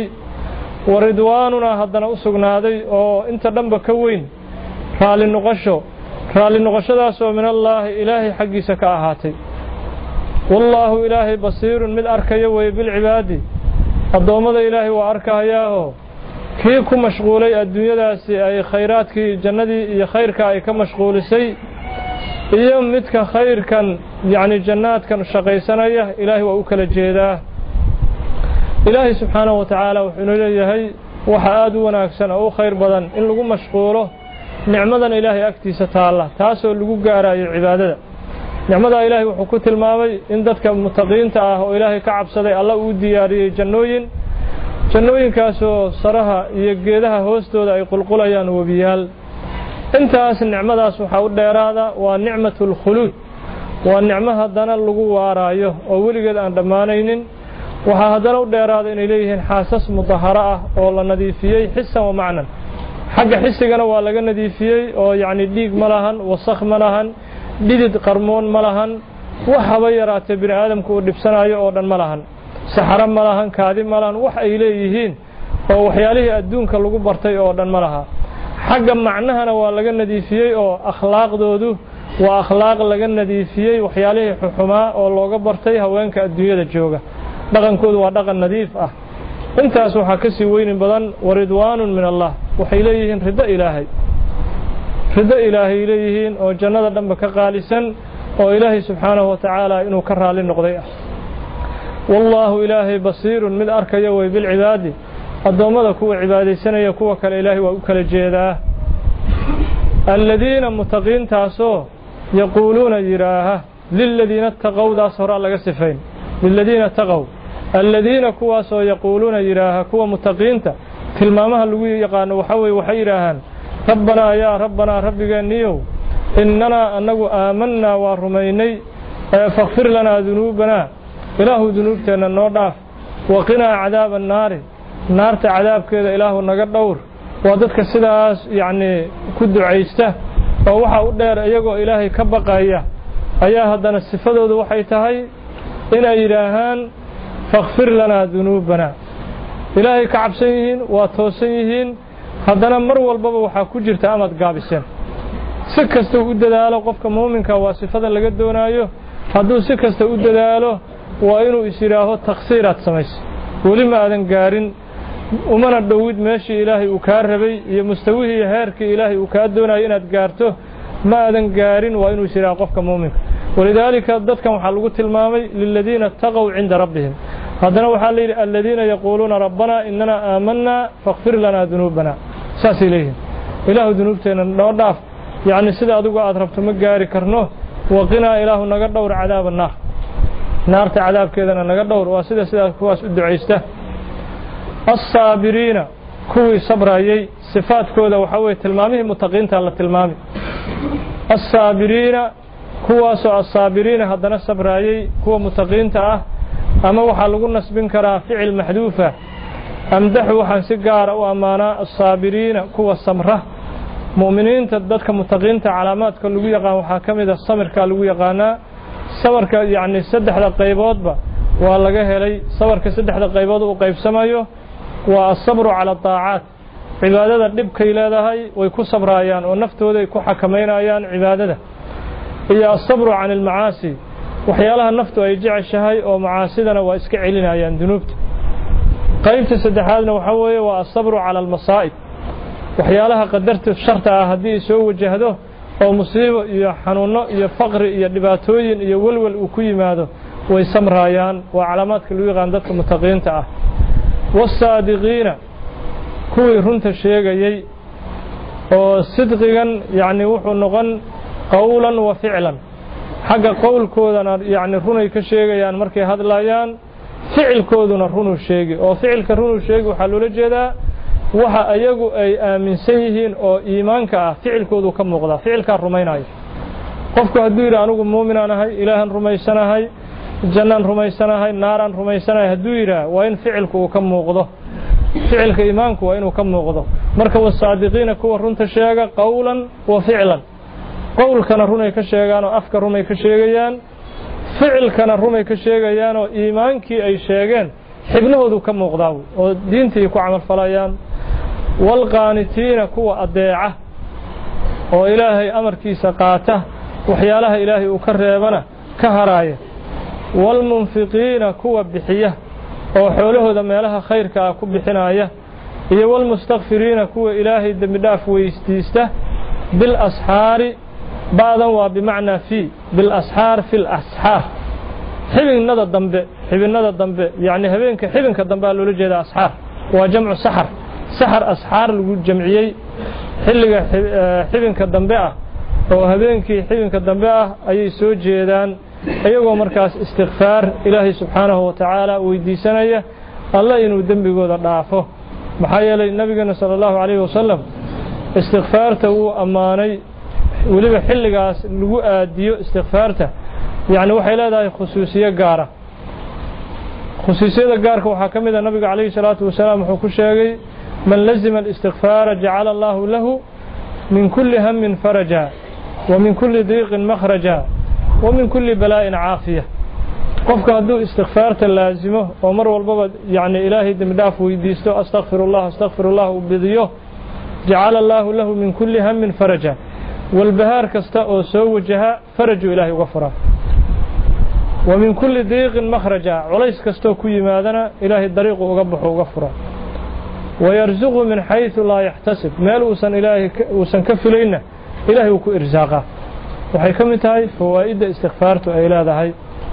ورضواننا هذا أسقنادي أو انت دنب كوين رالي النقشو رالي النقشو داسو من الله إلهي حقي سكاهاتي والله إلهي بصير من أركيا وبالعباد الضوامد إلهي وأركاياه كيكو مشغولي الدنيا داسي أي خيرات كي جندي خيرك أي كمشغول سي يوم متك خير كان يعني جنات كان شقيسانية إلهي وأكل الجيدة إلهي سبحانه وتعالى وحنو إليهي وحاد وناكسن أو خير بدن إن لغو مشغوله نعمة إلهي أكتي ستالله تاسو لغو قارا العبادة نعمة إلهي وحكوت الماوي إن دادك متقين تآه وإلهي كعب صدي الله ودياري جنوين جنوين كاسو صراحة يقيدها هوستو دا يقول قليان وبيال انتاس النعمة سبحانه ديرادا ونعمة الخلود والنعمة هدنا اللغو وارايو وولقد أن دمانين وهدنا ديرادا إن إليه حاسس مطهرة والله نذيفيي حسا ومعنى حق حسيقنا والله نذيفيي يعني ديق ملهن وصخ ملهن ديد قرمون ملهن وحبيرات بن آدم كو دبسنايو أو دن ملهن سحر ملهن كاذب ملهن وح إليهين وحياله الدون كاللغو برتي أو دن ملها حق معناها ولا نذيفيي أو أخلاق دودو وأخلاق لجن نذيفيي وحياله حماء أو لوجا برتي هوانك الدنيا الجوجة دقن كود ودقن نذيف أه أنت سوحا كسي وين بدن ورضوان من الله وحيليهن رضا إلهي رضا إلهي إليهن أو جنة دمك قالسا أو إلهي سبحانه وتعالى إنه كره للنقضية والله إلهي بصير من أركيا وبالعباد الضوامد كوا عبادي سنة يكوا كالإلهي وكال الجيدة الذين متقين تاسو يقولون جراها للذين اتقوا دا صراء لقصفين للذين اتقوا الذين كوا سو يقولون جراها كوا متقين تا كلمامها اللي يقان وحوي وحيراهن ربنا يا ربنا ربك نيو إننا أنه آمنا ورميني فاغفر لنا ذنوبنا إله ذنوبتنا النور وقنا عذاب النار naarta cadaabkeeda ilaahu naga dhowr waa dadka sidaas yaani ku duceysta oo waxa u dheer iyagoo ilaahay ka baqaya ayaa hadana sifadoodu waxay tahay inay yiraahaan faghfir lana dhunubana ilaahay ka cabsan yihiin waa toosan yihiin hadana mar walbaba waxa ku jirta amad gaabiseen si kasta u dadaalo qofka muuminka waa sifada laga doonayo hadduu si kasta u dadaalo waa inuu isiraaho taqsiiraad sameeyo wali ma aadan gaarin ومن الدوود ماشي إلهي وكاربي يمستويه هارك إلهي وكادونا إناد قارته ما أذن قارن وإنه سراقفك مؤمن ولذلك ضدك محلقوت المامي للذين اتقوا عند ربهم هذا وحال الذين يقولون ربنا إننا آمنا فاغفر لنا ذنوبنا ساس إليهم إله ذنوبتنا نوضعف يعني سيدا أدوك أطرفت مقاري كرنوه وقنا إله نقدور عذاب النار نار عذاب كذا نقدور وسيدا سيدا كواس الدعيسته الصابرين كوي صبرايي صفات كودا وحوي تلمامه متقين تالا تلمامه الصابرين كواسو الصابرين هدنا صبرايي كو متقين تا اما waxa lagu nasbin karaa ficil maxduufa amdahu waxaan si gaar ah u amaana الصابرين kuwa samra muuminiinta dadka mutaqiinta calaamaadka lagu yaqaan waxa kamid ah samirka lagu yaqaana sabarka yaani saddexda qayboodba waa laga helay sabarka saddexda qaybood uu qaybsamayo والصبر على الطاعات عبادة دبك إلى ذهي ويكون صبرايان ونفته ذي يكون حكمينايان عبادة هي الصبر عن المعاصي وحيالها النفط ويجع الشهي ومعاصدنا وإسكعلنا يان ذنوبت قيمت سدحادنا وحوي والصبر على المصائب وحيالها قدرت الشرط هدي سوى جهده أو مصيبة يا حنون يا فقر يا دباتوين يا ولول وكوي ماذا ويسمرايان وعلامات كل عندك متقين تأه والصادقين كوي رنت الشيغايي oo sidqigan yaani wuxuu noqon qowlan wa ficlan xaga qowlkoodana yaani runay ka sheegayaan markay hadlayaan ficilkooduna runu sheegi oo ficilka runu sheegi waxa loo jeedaa waxa ayagu ay aaminsan yihiin oo iimaanka ah ficilkoodu ka muuqda ficilka rumaynayo qofku hadduu yiraahdo anigu muumin ahay ilaahan rumaysanahay jannaan rumaysanahay naaran rumaysanahay hadduu yiraahdo waa in ficilku uu ka muuqdo ficilka iimaanku waa inuu ka muuqdo marka wasaadiqiina kuwa runta sheega qowlan wa ficlan qowlkana runay ka sheegaan oo afka runay ka sheegayaan ficilkana runay ka sheegayaan oo iimaankii ay sheegeen xibnahoodu ka muuqdaa oo diintii ku amal falayaan wal qaanitiina kuwa adeeca oo ilaahay amarkiisa qaata waxyaalaha ilaahay uu ka reebana ka haraaya والمنفقين كوا بحية أو حوله ذا مالها خير كأكو بحناية إيه والمستغفرين كوا إلهي دمداف ويستيسته بالأسحار بعضا وبمعنى في بالأسحار في الأسحار حبن نذا الضنب حبن نذا الضنب يعني هبينك حبنك الضنب قالوا لجد أسحار وجمع سحر سحر أسحار الجمعية حلقة حبنك الضنب oo habeenkii xibinka dambe ah ayay soo jeedaan ayagoo markaas istighfar ilaahay subhanahu wa ta'ala weydiisanaya Allah inuu dambigooda dhaafo maxaa yeelay nabiga sallallahu alayhi wasallam istighfarta uu amaanay waliba xilligaas lagu aadiyo istighfarta yaani waxay leedahay khusuusiyo gaar ah khusuusiyada gaarka waxa kamid ah nabiga alayhi salatu wasalaam wuxuu ku sheegay man lazima al-istighfar ja'ala Allahu lahu min kulli hammin faraja ومن كل ضيق مخرجا ومن كل بلاء عافية قفك هدو استغفارت اللازمه ومر والبابا يعني إلهي دمداف ويديستو أستغفر الله أستغفر الله وبذيه جعل الله له من كل هم فرجا والبهار كستاء سوجها فرج إلهي غفرا ومن كل ضيق مخرجا وليس كستو كي ماذنا إلهي الطريق وقبح وغفرا ويرزق من حيث لا يحتسب مال وسن إلهي وسن كفلينا إلهي وكو إرزاقه وحي كمتاي فوائد استغفارته أي لا ذهي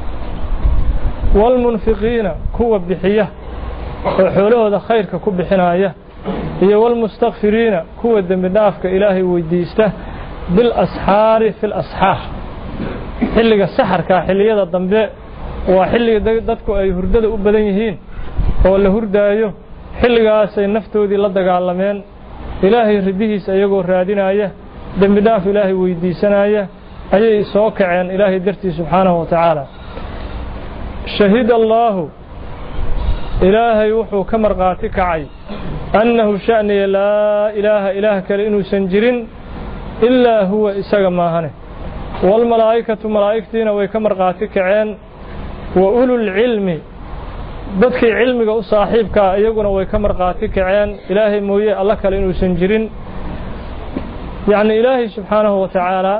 والمنفقين كوا بحية وحوله ذا خير كو بحناية هي والمستغفرين كوا الدمدافك إلهي ويديسته بالأسحار في الأسحار حلق السحر كحلية الضنباء وحلق دادكو أي هردد أبدانيهين ولا هردايو حلق آسي نفتو ذي لدق عالمين إلهي رديه سيقو رادينايه دمداف إلهي ويديسنايا أي سوكعين إلهي درتي سبحانه وتعالى شهد الله إلهي وحو كمرقاتك عي أنه شأني لا إله إله كالإنو سنجرين إلا هو إساق ماهنه والملائكة ملائكتين ويكمرقاتك عين وأولو العلم بدك علمك وصاحبك أيقنا ويكمرقاتك عين إلهي موية الله كالإنو سنجرين يعني إلهي سبحانه وتعالى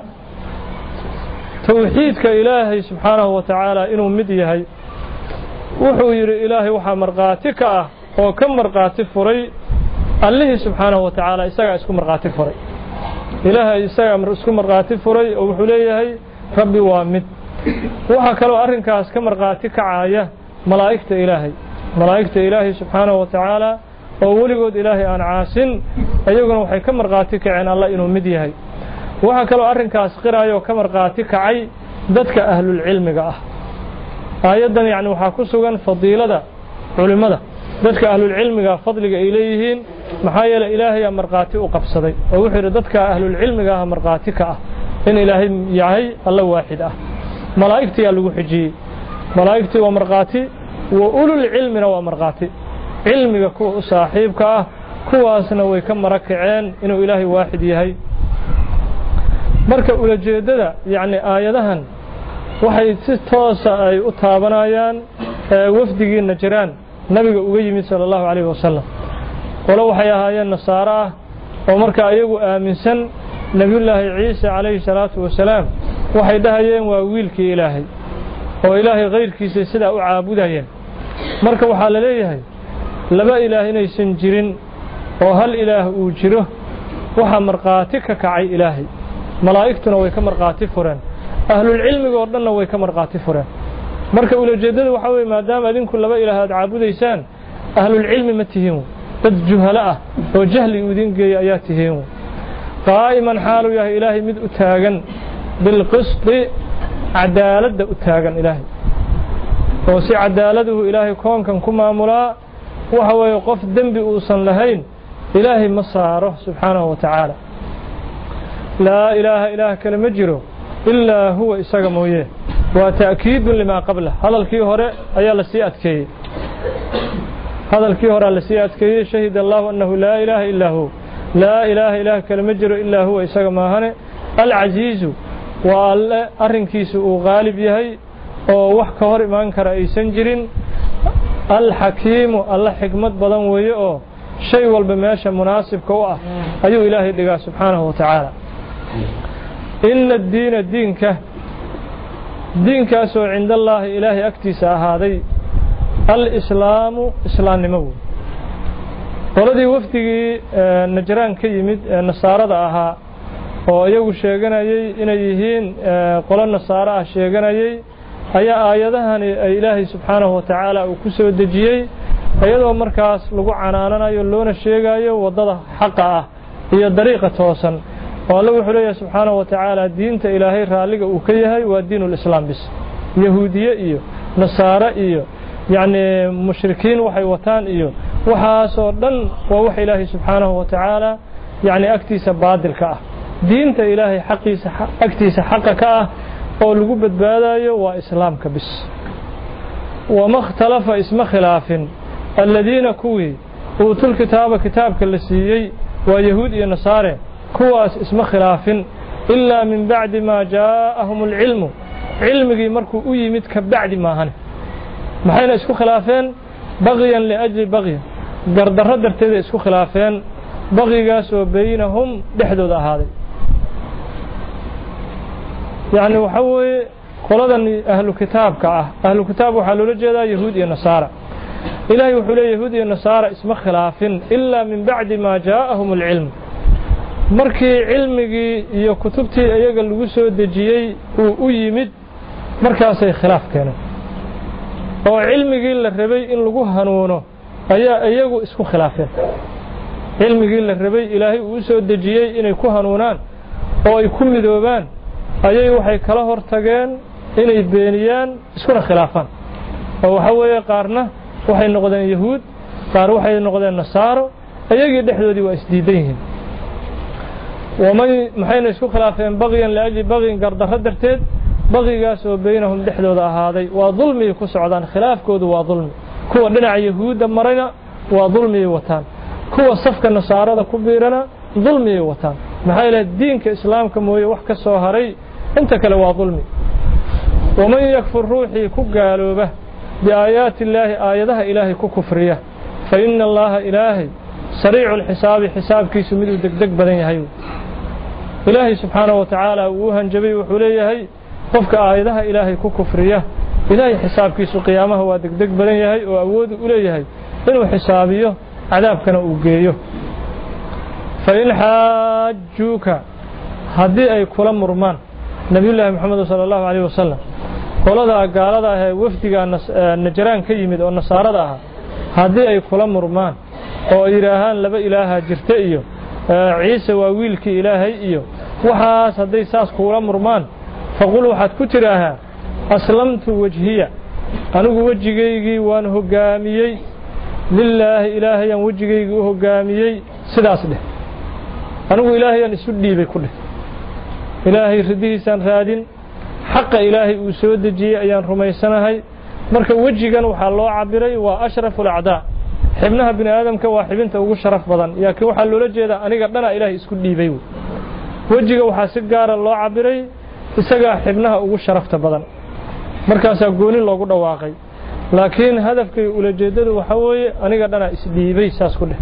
توحيدك إلهي سبحانه وتعالى إنه مديهي وحو يري إلهي وحا مرقاتك وكم مرقاتك فري الله سبحانه وتعالى إساق اسكو مرقاتك فري إلهي إساق اسكو مرقاتك فري وحو ليهي ربي وامد وحا كلو أرنكاس كمرقاتك عاية ملائكة إلهي ملائكة إلهي سبحانه وتعالى وولقود إلهي أن عاسن أيضاً وحي كمرقاتك عين الله إنه مديهي وحا كلو أرنكاس قرايو كمرقاتك عي ذاتك أهل العلم قاه أيضاً يعني وحا كسوغا فضيلة علماء ذاتك أهل العلم قاه فضلك إليهين محايا إلهي مرقاتي وقبصدي ووحير ذاتك أهل العلم قاه مرقاتك اه إن إلهي يعي الله واحد اه ملائكتي اللي حجي ملائكتي ومرقاتي وأولو العلم ومرقاتي علمك كو صاحبك كواسنا way ka marakaceen inuu ilaahay waaxid yahay marka ula jeedada yaani aayadahan waxay si toos ah ay u taabanayaan wafdigiina jiraan nabiga uga yimid sallallahu alayhi wasallam wala waxay ahaayeen nasaara oo marka ayagu aaminsan nabiyullaahi ciisa alayhi salatu wasalaam waxay dhahayeen waa wiilkii ilaahay oo ilaahay qeyrkiisa sida u caabudayeen marka waxa la leeyahay laba ilaah inaysan jirin oo hal ilaah uu jiro waxa marqaati ka kacay ilaahay malaa'igtuna way ka marqaati fureen ahlul cilmiga oo dhanna way ka marqaati fureen marka ula jeedada waxa weey maadaama adinku laba ilaah aad caabudaysaan ahlul cilmi ma tihiin dad juhala ah oo jahli u idin geeyay ayaa tihiin qaa'iman xaalu yahay ilaahay mid u taagan bil qisti cadaalada u taagan ilaahay oo si cadaaladu ilaahay koonkan ku maamulaa waxa weeye qof dambi uusan lahayn ilaahay ma saaro subhanahu wa ta'ala la ilaha ilaha kalama jiro illa huwa isaga mooye wa ta'kiid lima qabla hadalkii hore ayaa la sii adkeeyay hadalkii hore la sii adkeeyay shahid allah annahu la ilaha illa hu la ilaha ilaha kalama jiro illa huwa isaga maahane al aziz wa arrinkiisu uu qaalib yahay oo wax ka hor iman kara aysan jirin الحكيم الله حكمت بدن ويه او شيء والبا ماشا مناسب كو اه ايو الهي دغا سبحانه وتعالى ان الدين دينك دين كاسو عند الله إلهي أكتس هذا الإسلام إسلام نمو qoladii wafdigii najraan ka yimid nasaarada ahaa oo iyagu sheeganayay inay yihiin qolo nasaaro ah sheeganayay ayaa aayadahani ay Ilaahay subxaanahu wa ta'ala uu ku soo dejiyay ayadoo markaas lagu canaananayo loona sheegayo wadada xaqa ah iyo dariiqa toosan oo Allah wuxuu leeyahay subxaanahu wa ta'ala diinta Ilaahay raaliga uu ka yahay waa diinul islaam bis yahuudiye iyo nasaara iyo يعني مشركين وحي وطان إيو وحاسو دن ووحي إلهي سبحانه وتعالى يعني أكتيس بادل كأه دينة إلهي حقيس أكتيس حق كأه ولقوا بدبادايو وإسلام كبس وما اختلف اسم خلاف الذين كوي أوتوا الكتاب كتاب كالسيي ويهود ونصارى كواس اسم خلاف إلا من بعد ما جاءهم العلم علمي مركو أيمت كبعد ما هن maxayna isku khilaafeen baqiyan li ajli baqiy gardarro darteed isku khilaafeen baqigaas oo baynahum dhexdooda ahaaday yani waxa weeye qoladan ahlu kitaabka ah ahlu kitaab waxa loo jeedaa yahuud iyo nasaara ilaahay wuxuu leeyahay yahuud iyo nasaara isma khilaafin illa min ba'di ma jaa'ahum al-ilm markii cilmigii iyo kutubtii ayaga lagu soo dejiyay uu u yimid markaas ay khilaaf keeneen oo cilmigii la rabay in lagu hanuuno ayaa iyagu isku khilaafeen cilmigii la rabay Ilaahay uu soo dejiyay inay ku hanuunaan oo ay ku midoobaan ayay waxay kala hortageen inay beeniyaan iskuna khilaafaan oo waxa weeye qaarna waxay noqdeen yahuud qaar waxay noqdeen nasaaro ayagii dhexdoodii waa isdiidan yihiin ومن maxayna isku khilaafeen baqiyan la ajli baqin gardarro darteed baqigaas oo baynahum dhexdooda ahaaday waa dulmi ku socdaan khilaafkoodu waa dulmi kuwa dhinaca yahuuda marayna waa dulmi wataan kuwa safka nasaarada ku biirana dulmi wataan maxay la diinka islaamka mooye wax ka soo haray inta kale waa dulmi ومن يكفر روحي ku gaalooba biaayaati illaahi aayadaha ilaahay ku kufriya fa inna allaha ilaahi sariicul xisaabi xisaabkiisu mid uu degdeg badan yahay ilaahay subxaanahu wa ta'ala uu hanjabay wuxuu leeyahay qofka aayadaha ilaahay ku kufriya ilaahay xisaabkiisu qiyaamaha waa degdeg badan yahay oo awood u leeyahay inuu xisaabiyo cadaabkana uu geeyo fa in xaajuka hadii ay kula murmaan nabiyullaahi maxamed sallallahu alayhi wasallam qolada gaalada ah ee wafdiga najraan ka yimid oo nasaarada ah hadii ay kula murmaan oo yiraahaan laba ilaaha jirta iyo ciise waa wiilkii ilaahay iyo waxaas haday saas kula murmaan فقل waxaad ku tiraahaa aslamtu wajhiya anigu wajigeygii waan hogaamiyay lillaahi ilaahayan wajigeygii u hogaamiyay sidaas dheh anigu ilaahayan isu dhiibay ku dheh ilaahay ridiisan raadin xaqa ilaahay uu soo dejiyay ayaan rumaysanahay marka wajigan waxa loo cabiray waa ashraful a'daa xibnaha bini aadamka waa xibinta ugu sharaf badan yaakiin waxa loola jeedaa aniga dhana ilaahay isku dhiibay wajiga waxa si gaar ah loo cabiray isaga xibnaha ugu sharafta badan markaas gooni loogu dhawaaqay laakiin hadafkay ula jeedadu waxa weeye aniga dhana isdhiibay saas ku dheh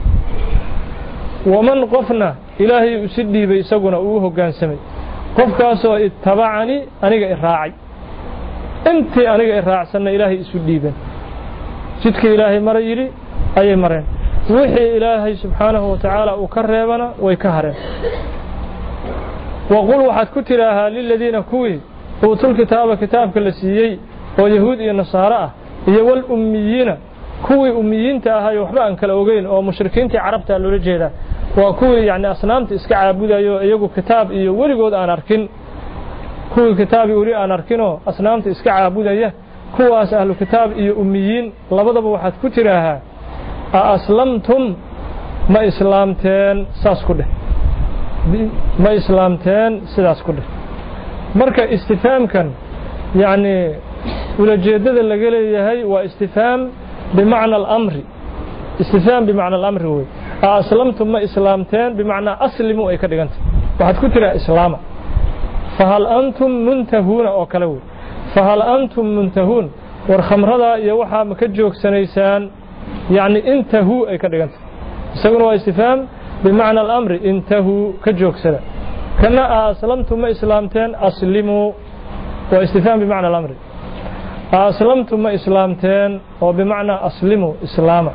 waman qofna ilaahay u sidhiibay isaguna uu hoggaansamay qofkaas oo ittabacani aniga iraacay intii aniga iraacsanna ilaahay isu dhiiban jidka ilaahay maray yiri ayay mareen wixii ilaahay subxaanahu wa ta'ala uu ka reebana way ka hareen وقل waxaad ku tiraahaa lilladina kuwi uutul kitaaba kitaabka la siiyay oo yahuud iyo nasaara ah iyo wal ummiyiina kuwi ummiyiinta ahaa waxba aan kala ogeyn oo mushrikiinta carabta loo jeeda waa kuwi yaani asnaamta iska caabudayo iyagu kitaab iyo waligood aan arkin kuwi kitaab wali aan arkino asnaamta iska caabudaya kuwaas ahlu kitaab iyo ummiyiin labadaba waxaad ku tiraahaa aslamtum ma islaamteen saas ku dheh ma islaamteen sidaas ku dheh marka istifaamkan yaani wala jeedada laga leeyahay waa istifaam bimaana al-amri istifaam bimaana al-amri way aslamtum ma islaamteen bimaana aslimu ay ka dhiganta waxaad ku tiraa islaama fahal antum muntahuna oo kale way fahal antum muntahun war khamrada iyo waxa ma ka joogsanaysaan yaani intahu ay ka dhiganta isaguna waa istifaam بمعنى الأمر انتهوا كجوكسنا كنا أسلمتم إسلامتين أسلموا واستفهام بمعنى الأمر أسلمتم إسلامتين وبمعنى أسلموا إسلاما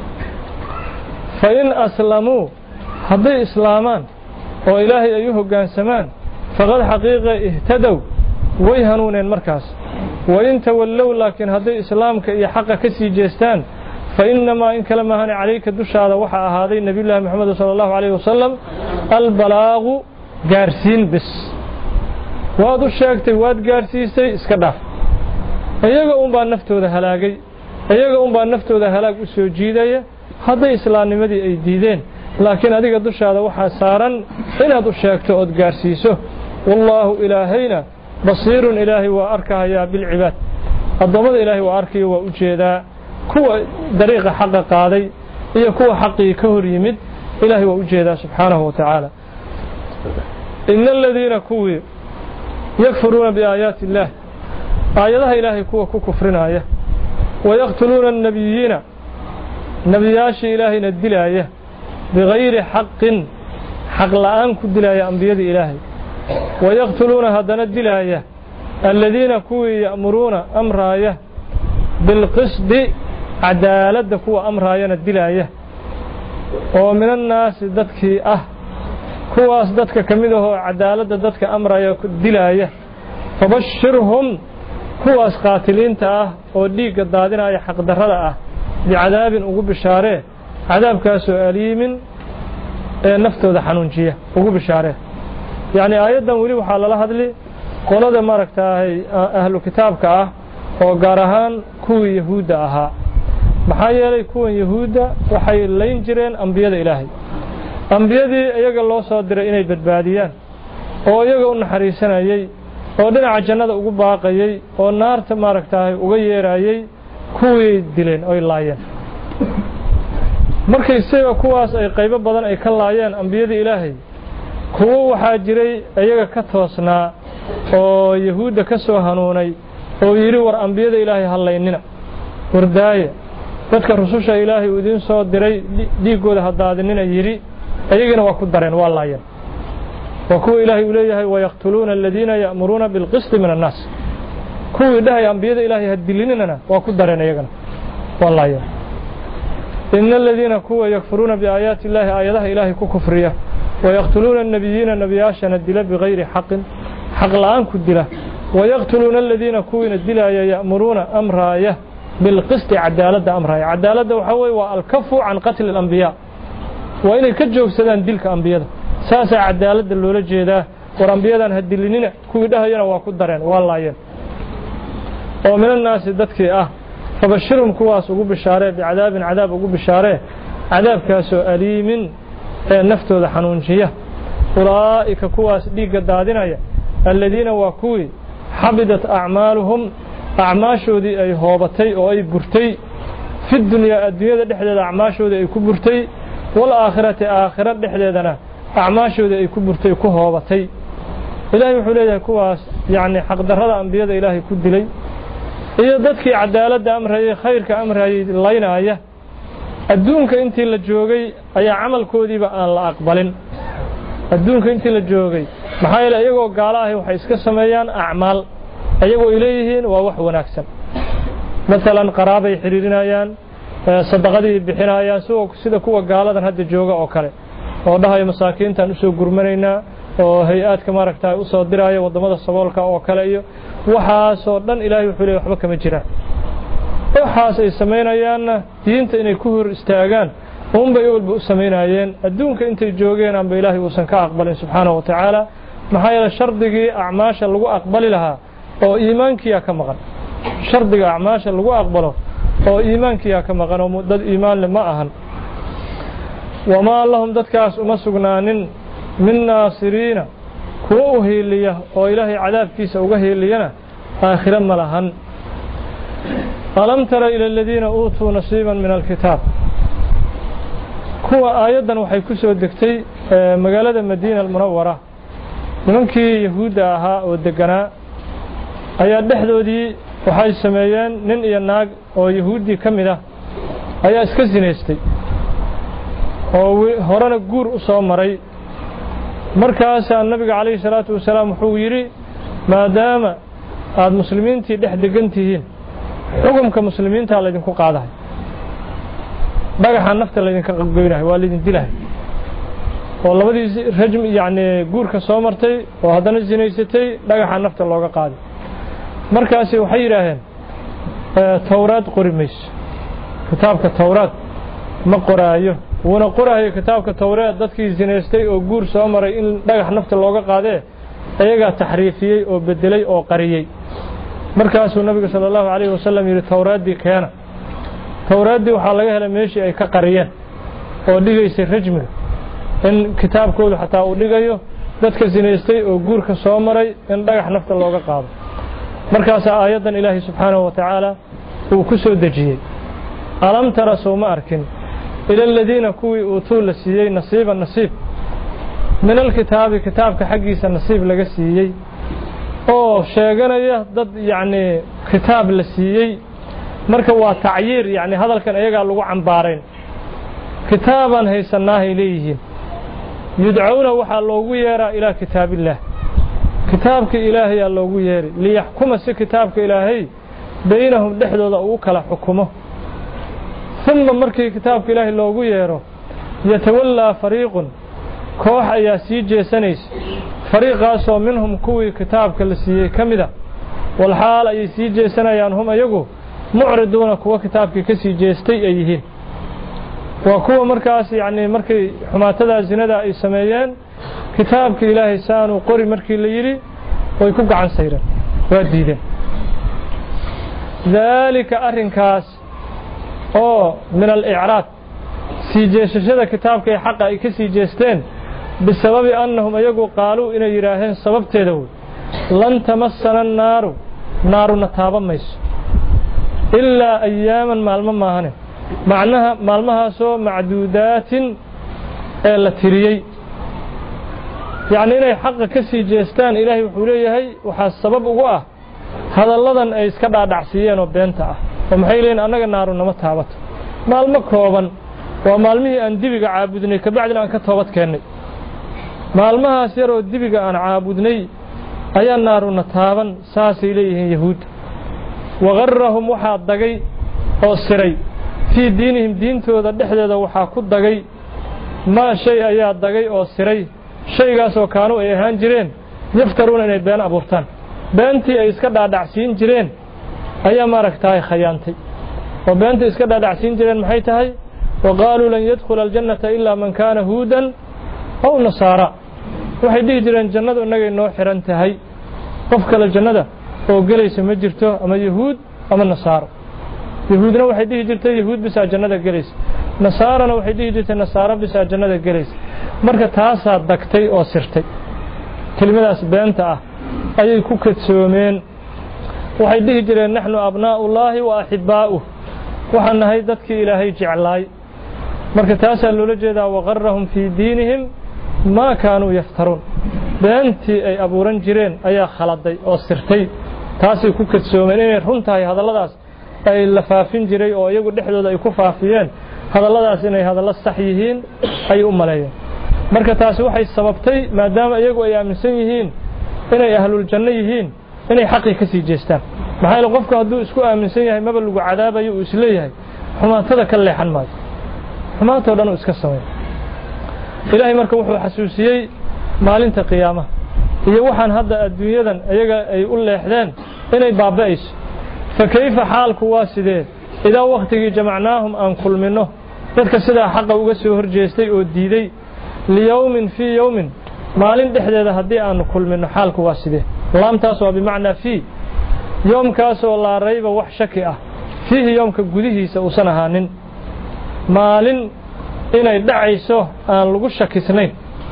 فإن أسلموا هذي إسلامان وإلهي أيها قان سمان فقد حقيقة اهتدوا ويهنون المركز وإن تولوا لكن هذي إسلامك يحق كسي جيستان فإنما إن كلمة هنا عليك الدش هذا وحى هذه النبي الله محمد صلى الله عليه وسلم البلاغ قارسين بس وهذا الشيء واد قارسيسي اسكداف ayaga un baa naftooda halaagay ayaga un baa naftooda halaag u soo jiidaya haday islaamnimadii ay diideen laakiin adiga dushaada waxa saaran inaad u sheegto oo gaarsiiso wallahu ilaahayna basiirun ilaahi wa arkaya bil ibad adamada ilaahi wa arkiyo waa u jeedaa kuwa dariiqa xaq qaaday iyo kuwa xaqii ka hor yimid ilaahi waa u jeedaa subhanahu wa ta'ala innal ladina kuwi yakfuruna bi ayati allah آياتها إلهي كوا كفرنايا ويقتلون النبيين نبياش إلهي ندلايا بغير حق حق الآن كدلايا أنبياء إلهي ويقتلون هذا ندلايا الذين كوا يأمرون أمرايا بالقسط عدالة كوا أمرايا ندلايا ومن الناس دتك أه كوا دتك كمده عدالة دتك أمرايا كدلايا فبشرهم kuwaas qaatiliinta ah oo dhiiga daadinaya xaq darrada ah bicadaabin ugu bishaare cadaabkaas oo aliimin ee naftooda xanuunjiya ugu bishaare yaani aayadan wali waxa la hadli qolada maragtaahay ahlu kitaabka ah oo gaar ahaan kuwii yahuuda ahaa maxaa yeelay kuwan yahuuda waxay leyn jireen ambiyada ilaahay ambiyadii iyaga loo soo diray inay badbaadiyaan oo iyaga u naxariisanayay oo dhinaca jannada ugu baaqayay oo naarta maaragtay uga yeerayay kuwii dileen oo laayeen markay isaga kuwaas ay qaybo badan ay ka laayeen ambiyada ilaahay kuwa waxa jiray iyaga ka toosnaa oo yahuuda ka soo hanuunay oo yiri war ambiyada ilaahay halaynina wardaaya dadka rususha ilaahay u idin soo diray dhiigooda hadaadinina yiri ayagana waa ku dareen waa laayeen وكو إلهي إليه ويقتلون الذين يأمرون بالقسط من الناس كو إلهي أنبياء إلهي هدليننا وكدرنا يغنى والله يا إن الذين كو يكفرون بآيات الله آياتها إلهي كو كفرية ويقتلون النبيين النبياشا ندلا بغير حق حق الآن كدلا ويقتلون الذين كو ندلا يأمرون أمرايا بالقسط عدالة أمرايا عدالة وحوي والكف عن قتل الأنبياء وإن كجوك سدان دلك أنبياء ساسا عدالة اللولة جيدا ورنبيادا هدلينينا كوي دهينا واكو دارين والله ومن الناس ددكي اه فبشرهم كواس ugu bishaare بعذاب عذاب ugu bishaare عذاب كاسو أليم نفتوda xanuunjiya أولئك كواس dhiiga daadinaya الذين واكوي حبدت أعمالهم أعماشودي ay hoobatay oo ay burtay في الدنيا الدنيا dhexdeeda أعماشودي ay ku burtay والآخرة آخرة dhexdeedana أعماشودي ay ku burtay ku hoobatay إلهي wuxuu leeyahay kuwaas yaani xaq darrada anbiyada Ilaahay ku dilay iyo dadkii cadaaladda amrayay khayrka amrayay laynaya adduunka intii la joogay ayaa amalkoodiiba aan la aqbalin adduunka intii la joogay maxaa yeelay iyagoo gaala ah waxay iska sameeyaan acmaal ayagoo ileeyihiin waa wax wanaagsan مثلا qaraabay xiriirinayaan sadaqadii bixinayaan sida kuwa gaaladan hadda jooga oo kale oo dhahay masaakiintan u soo gurmanaynaa oo hay'aadka maaragtay u soo diraya wadamada saboolka oo kale iyo waxaas oo dhan Ilaahay wuxuu leeyahay waxba kama jiraan waxaas ay sameynayaan diinta inay ku hor istaagaan uun bay walba u sameynayeen adduunka intay joogeen aan Ilaahay uusan ka aqbalin subhanahu wa ta'ala maxaa yeelay shardigii acmaasha lagu aqbali lahaa oo iimaankiya ka maqan shardiga acmaasha lagu aqbalo oo iimaankiya ka maqan oo dad iimaan leh ma ahan wama lahum dadkaas uma sugnaanin min naasiriina kuwa u heeliya oo Ilaahay cadaabkiisa uga heeliyana aakhira ma lahan alam tara ila alladheena uutu nasiiban min alkitaab kuwa aayadan waxay ku soo degtay magaalada Madiina al-Munawwara nimankii yahuuda ahaa oo deganaa ayaa dhexdoodii waxay sameeyeen nin iyo naag oo yahuudi kamid ah ayaa iska zineystay oo horena guur u soo maray markaas nabiga kaleey salaatu wasalaam wuxuu yiri maadaama aad muslimiintii dhex degan tihiin xukunka muslimiinta la idinku qaadahay dhagaxa nafta la idinka goynahay waa la idin dilahay oo labadii rajm yaani guurka soo martay oo haddana zinaysatay dhagaxa nafta looga qaaday markaasi waxay yiraahdeen tawraad qori mayso kitaabka tawraad ma qoraayo wana qoraayo kitaabka tawraad dadkii zinaystay oo guur soo maray in dhagax nafta looga qaadee ayaga taxriifiyay oo bedelay oo qariyay markaasuu nabiga sallallahu alayhi wasallam yiri tawraadii keena tawraadii waxa laga helay meeshii ay ka qariyeen oo dhigaysay rajmiga in kitaabkoodu xataa uu dhigayo dadka zinaystay oo guurka soo maray in dhagax nafta looga qaado markaas aayadan ilaahi subhanahu wa ta'ala uu ku soo dajiyay alam tara sawma arkin ila alladina kuwi utuu la siiyay nasiiban nasiib min alkitaabi kitaabka xaqiisa nasiib laga siiyay oo sheeganaya dad yaani kitaab la siiyay marka waa tacyiir yaani hadalkan ayaga lagu cambaareen kitaaban haysanaahay leeyihiin yud'auna waxa loogu yeeraa ila kitaabillah kitaabka ilaahay ayaa loogu yeeray liyaxkuma si kitaabka ilaahay baynahum dhexdooda uu kala xukumo thumma markii kitaabka ilaahay loogu yeero yatawalla fariiqun koox ayaa sii jeesanaysa fariiqaas oo minhum kuwii kitaabka la siiyay kamida wal xaal ay sii jeesanayaan hum ayagu mu'riduuna kuwa kitaabkii ka sii jeestay ay yihiin waa kuwa markaas yaani markay xumaatada zinada ay sameeyeen kitaabka ilaahay saanu qori markii la yiri way ku gacan sayreen waa diideen dalika arrinkaas oo min al-i'raad sii jeesashada kitaabka ay xaq ay ka sii jeesteen bisababi annahum ayagu qaaluu inay yiraahdeen sababteeda lan tamassana an-naaru naaruna taabamayso illa ayyaman maalmo maahane macnaha maalmahaasoo macduudaatin ee la tiriyay يعني إني حق كسي جيستان إلهي وحوليه وحا السبب وقاه هذا اللذن أي اسكبع دعسيين وبينتا ومحيلين أنك النار نمتهابت مال مكروبا ومالمه أن دبق عابدني كبعد أن كتوبت كيني مالمها سيروا دبق أن عابدني أي النار نتهابا ساس إليه يهود وغرهم وحا الدقي أو السري في دينهم دينتو ذا دحدة وحا كد دقي ما شيء أي الدقي أو السري shaygaasoo kaanu ay ahaan jireen yaftaruuna inay been abuurtaan beentii ay iska dhaadhacsiin jireen ayaa maaragtay khayaantay oo beentii iska dhaadhacsiin jireen maxay tahay waqaaluu lan yadkhula aljannata illa man kaana huudan aw nasaara waxay dhihi jireen jannadu inagay noo xiran tahay qof kale jannada oo galaysa ma jirto ama yahuud ama nasaaro yahuudna waxay dhihi jirtay yahuud bisa jannada galaysa nasaarana waxay dhihi jirtay nasaaro bisa jannada galaysa marka taasa dagtay oo sirtay kelimadaas beenta ah ayay ku kadsoomeen waxay dhihi jireen nahnu abnaa'ullaahi wa ahibba'uhu waxaan nahay dadkii ilaahay jeclaay marka taasa loola jeedaa waqarrahum fi diinihim ma kaanu yaftaruun beentii ay abuuran jireen ayaa khaladay oo sirtay taasay ku kadsoomeen inay runtahay hadalladaas ay la faafin jiray oo iyagu dhexdooda ay ku faafiyeen hadalladaas inay hadallo sax yihiin ay u maleeyeen marka taasi waxay sababtay maadaama iyagu ay aaminsan yihiin inay ahlul janno yihiin inay xaqi ka sii jeestaan maxay la qofku hadduu isku aaminsan yahay maba lagu cadaabayo uu isleeyahay xumaatada ka leexan maayo xumaatoo dhan uu iska sameeyo ilaahay marka wuxuu xasuusiyey maalinta qiyaamaha iyo waxaan hadda adduunyadan iyaga ay u leexdeen inay baaba'ayso fa kayfa xaalku waa sidee idaa waqtigii jamacnaahum aan kulmino dadka sidaa xaqa uga soo horjeestay oo diiday liyawmin fi yawmin maalin dhexdeeda haddii aan kulmino xaalku waa sidee laamtaas waa bimacnaa fi yoomkaasoo laa rayba wax shaki ah fiihi yoomka gudihiisa uusan ahaanin maalin inay dhacayso aan lagu shakisnayn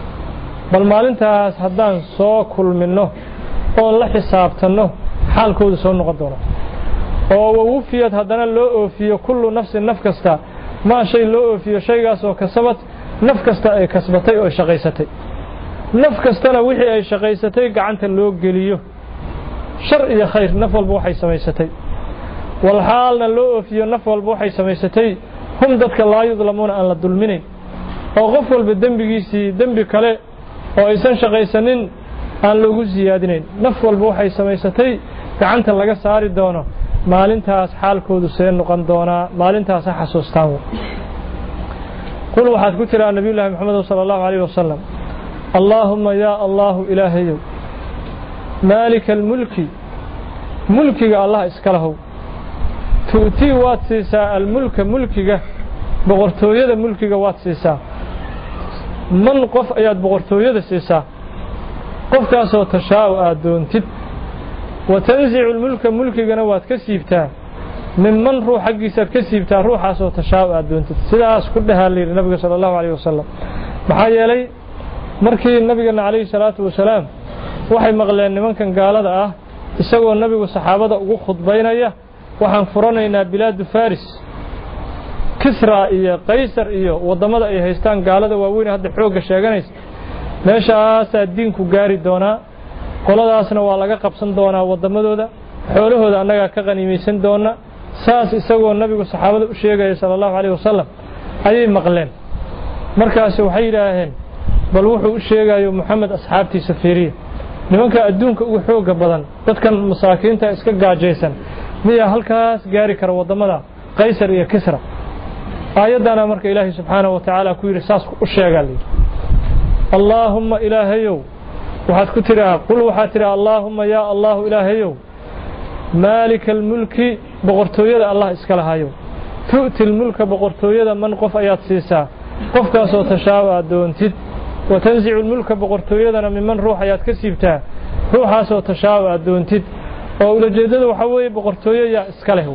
bal maalintaas haddaan soo kulmino oon la xisaabtanno xaalkoodu soo noqon doono oo wawufiyad haddana loo oofiyo kullu nafsin naf kasta maa shay loo oofiyo shaygaasoo kasabad naf kasta ay kasbatay oo shaqaysatay naf kastana wixii ay shaqaysatay gacanta loo geliyo shar iyo khayr naf walba waxay samaysatay wal xaalna loo oofiyo naf walba waxay samaysatay hum dadka laa yudlamuuna aan la dulminayn oo qof walba dembigiisii dembi kale oo aysan shaqaysanin aan loogu siyaadinayn naf walba waxay samaysatay gacanta laga saari doono maalintaas xaalkoodu see noqon doonaa maalintaas xasuustaan qul waxaad ku tiraa nabiyullaahi maxamed sallallahu alayhi wasallam allahumma ya allah ilaahayow maalikal mulki mulkiga allah iska lahow tuutii waad siisaa almulka mulkiga boqortooyada mulkiga waad siisaa man qof ayaad boqortooyada siisaa qofkaasoo tashaa'u aad doontid وتنزع الملك ملكنا واد كسيبتا ممن روح حقيسات كسيبتا روحاسو تشاء ادونت sidaas ku dhahalay nabiga sallallahu alayhi wasallam maxaa yeelay markii nabiga alayhi salaatu wasalaam waxay maqleen nimankan gaalada ah isagoo nabigu saxaabada ugu khudbaynaya waxaan furanaynaa bilaad faris kisra iyo qaysar iyo wadamada ay haystaan gaalada waaweyn hadda xooga sheeganaysa meeshaas diinku gaari doona qoladaasna waa laga qabsan doonaa wadamadooda xoolahooda annaga ka qaniimeysan doona saas isagoo nabigu saxaabada u sheegay sallallahu alayhi wasallam ayay maqleen markaas waxay yiraahdeen bal wuxuu u sheegayo Muhammad asxaabtiisa fiiriye nimanka adduunka ugu xooga badan dadkan masaakiinta iska gaajeysan miya halkaas gaari kara wadamada qaysar iyo kisra aayadana marka ilaahay subhanahu wa ta'ala ku yiri saas u sheegalay allahumma ilaahayow waxaad ku tiraa qul waxaad tiraa allahumma ya allah ilaahayow maalikal mulki boqortooyada allah iska lahayo tu'til mulka boqortooyada man qof ayaad siisaa qofkaasoo tashaa'u doontid wa tanzi'ul mulka boqortooyadana miman ruux ayaad ka siibtaa ruuxaasoo tashaa'u doontid oo ulajeedada waxa weeye boqortooyada iska leh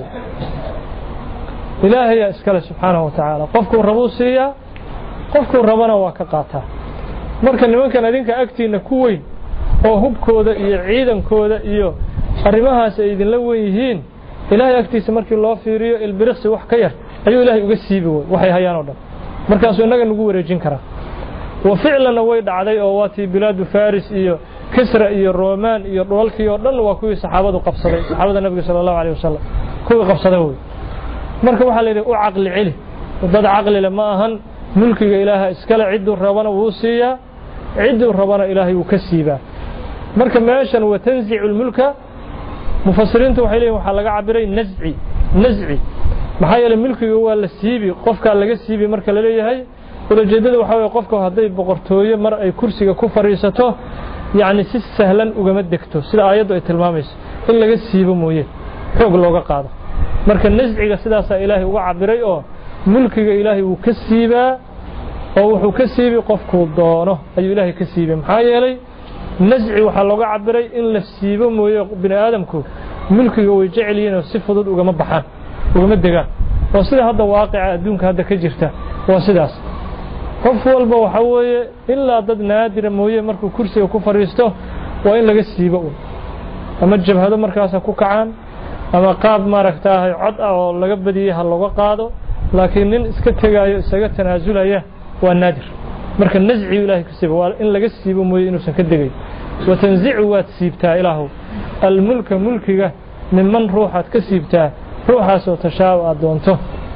ilaahay iska leh subhanahu wa ta'ala qofku rabuu siiyaa qofku rabana waa ka qaataa marka nimankan adinka agtiina ku weyn oo hubkooda iyo ciidankooda iyo arrimahaas ay idin la weyn yihiin ilaahay agtiisa markii loo fiiriyo ilbiriqsi wax ka yar ayuu ilaahay uga siibi waxay hayaan oo dhan markaas inaga nagu wareejin kara wa ficlan way dhacday oo waati bilaad faris iyo kisra iyo roman iyo dhoolkii oo dhan waa kuwii saxaabadu qabsaday saxaabada nabiga sallallahu alayhi wasallam kuwii qabsaday way marka waxa la yiraahdaa u aqli cili dad aqli lama ahan mulkiga ilaaha iskala ciidu rabana wuu siiyaa ciidu rabana ilaahay uu ka siibaa marka meeshan wa tanzi'ul mulka mufassiriintu waxay leeyihiin waxa laga cabiray naz'i naz'i maxaa yeelay mulkiga waa la siibi qofka laga siibi marka la leeyahay ulajeedada waxa weeye qofka haday boqortooyo mar ay kursiga ku fariisato yaani si sahlan ugama degto sida aayadu ay tilmaamayso in laga siibo mooyee xoog looga qaado marka naz'iga sidaas ilaahay uga cabiray oo mulkiga ilaahay uu ka siibaa oo wuxuu ka siibi qofku doono ayuu ilaahay ka siibay maxaa yeelay nazci waxa looga cabiray in la siibo mooyee bini aadamku mulkiga way jecel yihiin oo si fudud ugama baxaan ugama degaan oo sida hadda waaqica adduunka hadda ka jirta waa sidaas qof walba waxa weeye ilaa dad naadir mooyee markuu kursiga ku fariisto waa in laga siibo ama jabhado markaas ku kacaan ama qaab maaragtay cod ah oo laga badiyay hal looga qaado laakiin nin iska tagaayo isaga tanaasulaya waa naadir marka nazci ilaahay ka siibo waa in laga siibo mooyee inuu san ka degay wa tanzi'u waad siibtaa ilaahu al mulka mulkiga miman ruuxaad ka siibtaa ruuxaasoo tashaa'u aad doonto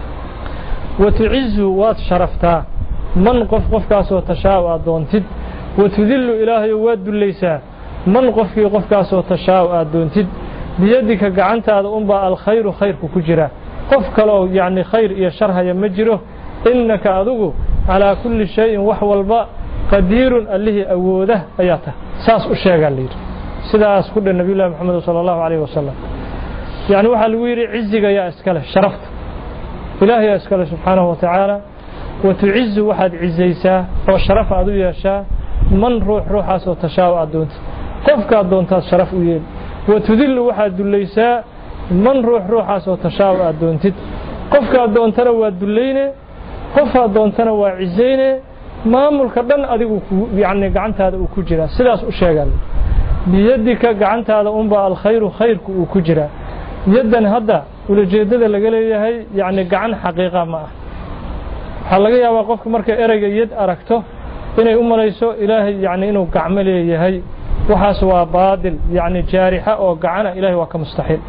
wa tu'izzu waad sharaftaa man qof qofkaasoo tashaa'u aad doontid wa tudillu ilaahay waad dulaysaa man qofkii qofkaasoo tashaa'u aad doontid biyadika gacantaada unba al khayru khayrku ku jira qof kale oo yaani khayr iyo shar haya ma jiro innaka adugu ala kulli shay'in wax walba qadirun allihi awooda ayata saas u sheegaa leeyahay sidaas ku dhan nabi Muhammad sallallahu alayhi wasallam yaani waxa lagu yiri ciziga yaa iskale sharafta ilaahay yaa iskale subhanahu wa ta'ala wa tu'izzu waxad cizaysa oo sharaf aad u yeeshaa man ruux ruuxaas oo tashaa'u adoonta qofka adoonta sharaf u yeel wa tudillu waxad dulaysaa man ruux ruuxaas oo tashaa'u adoontid qofka adoontana waa dulayne qofka adoontana waa cizayne maamulka dhan adigu yaani gacantaada uu ku jira sidaas u sheegan biyadika gacantaada unba al khayru khayrku uu ku jira yadan hadda ulajeedada laga leeyahay yaani gacan xaqiiqa ma ah waxa laga yaabaa qofka marka erayga yad aragto inay u malayso ilaahay yaani inuu gacmo leeyahay waxaas waa baadil yaani jaarixa oo gacana ilaahay waa ka mustaxiil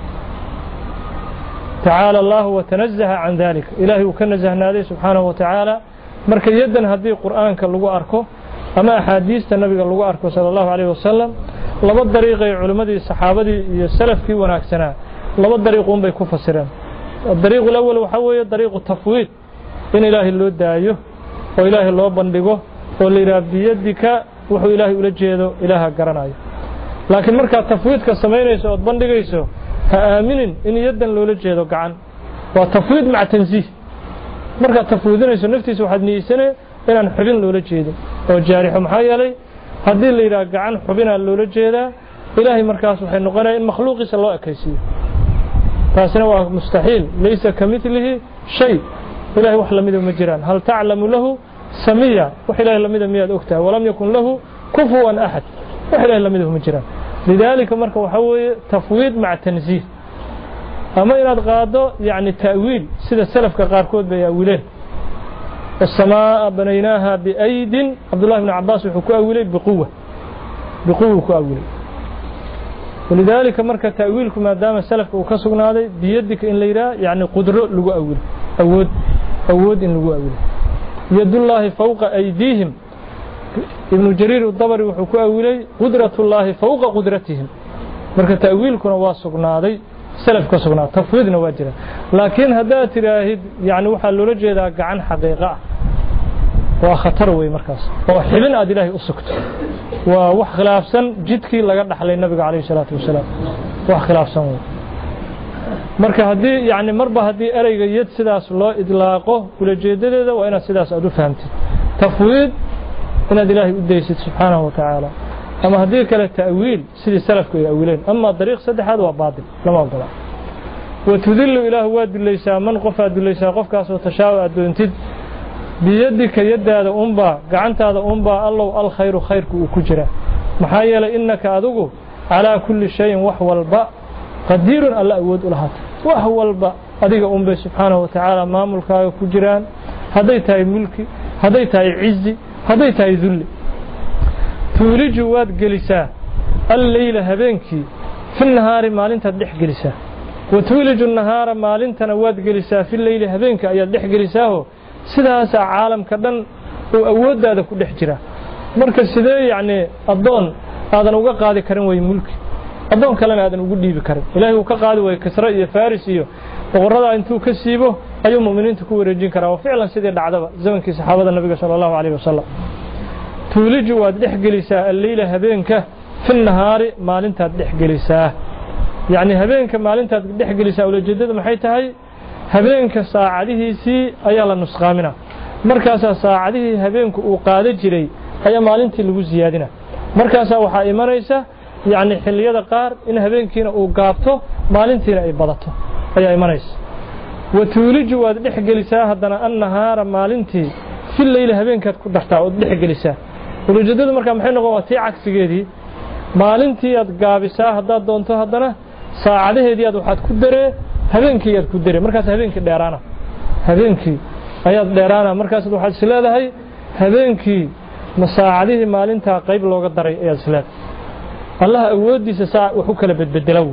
تعالى الله وتنزه عن ذلك إلهي وكنزهنا ذي سبحانه وتعالى مركز يدا هذه القرآن كاللغو أركو أما أحاديث النبي كاللغو أركو صلى الله عليه وسلم laba dariiqay culimadii saxaabadii iyo salafkii wanaagsanaa laba dariiqoon bay ku fasireen dariiqu awwal waxa weeye dariiqu tafwiid in ilaahay loo daayo oo ilaahay loo bandhigo oo leeyahay biyadika wuxuu ilaahay ula jeedo ilaaha garanayo laakiin marka tafwiidka sameynayso oo bandhigayso ha aaminin in yadan loola jeedo gacan waa tafwiid mac tanziih marka tafwiidinayso naftiisa waxaad niyeysanay inaan xubin loola jeedo oo jaarixo maxaa yeelay haddii la yiraahdo gacan xubina loola jeedaa ilaahay markaas waxay noqonayaan in makhluuqiisa loo ekaysiyo taasina waa mustaxiil laysa kamithlihi shay ilaahay wax lamid ma jiraan hal ta'lamu lahu samiya wax ilaahay lamid ma yaad ogtaa walam yakun lahu kufuwan ahad wax ilaahay lamid ma jiraan lidalika marka waxa weeye tafwiid mac tanziih ama inaad qaado yani ta'wiil sida salafka qaarkood bay awileen السماء بنيناها بأيد عبد الله بن عباس وحكوا أولي بقوة بقوة كأولي ولذلك مركة تأويلكم ما دام السلف وكسرنا هذا بيدك إن ليرا يعني قدرة لجو أول أود أود إن لجو أول يد الله فوق أيديهم ابن جرير الطبري وحكوا أولي قدرة الله فوق قدرتهم مركة تأويلكم واسقنا هذا سلف كسرنا تفويضنا واجرا لكن هذا تراهد يعني وحل رجل عن حقيقة وخطر وي مركز وحبن أدي الله أسكت وخلاف سن جدك لقد حل النبي عليه الصلاة والسلام وخلاف سن مركز هدي يعني مربى هدي أريج يد سداس الله إطلاقه ولا جديد وأنا سداس أدو فهمت تفويض إن أدي الله أديست سبحانه وتعالى أما هديك التأويل سيد السلف كي أولين أما طريق صدح هذا باطل لما أقول وتذل إله واد ليس من قفاد ليس قف كاس وتشاء أدونتد بيدك يد هذا أنبا قعنت هذا أنبا الله الخير خيرك وكجرة محايلة إنك أدوه على كل شيء وحو الباء قدير الله أود لهات وحو الباء أديك أنبا سبحانه وتعالى ما ملكا وكجران هديتها ملكي هديتها عزي هديتها ذلي تولج واد جلسا الليل هبينكي في النهار مالنت دح جلسا وتولج النهار مالنت واد جلسا في الليل هبينك أي دح جلساه سداس عالم كدن وأود هذا كل حجرة مركز سدا يعني الضون هذا نوجا قاضي كريم ويملك الضون كلام هذا نقول لي بكرم إلهي وكقاضي وكسرة فارسية وغرض أنتو كسيبه أي مؤمنين تكون رجين كرا وفعلا سدا العذاب زمن كي صحابة النبي صلى الله عليه وسلم تولج وادح جلسا الليل هبينك في النهار مالنت دح جلسا يعني هبينك مالنت دح جلسا ولا جدد ما حيتهي هبينك ساعده سي أيلا نسخامنا مركز ساعده هبينك وقاد جري أي مالنت لو زيادنا مركز وحا إمريسا يعني حلية قار إن هبينكينا وقابته مالنتينا أي بدته أي إمريس وتولج وادح جلسا هدنا النهار مالنتي في الليل هبينك دحتا ودح جلسا ولجدد marka maxay noqotay cagsigeedii maalintii aad gaabisaa hadaad doonto hadana saacadaheedii aad waxaad ku daree habeenkii aad ku daree markaas habeenkii dheeraana habeenkii ayaad dheeraana markaas waxaad isleedahay habeenkii masaacadihii maalinta qayb looga daray ayaad isleedahay Allah awoodiisa saac wuxuu kala bedbedelaw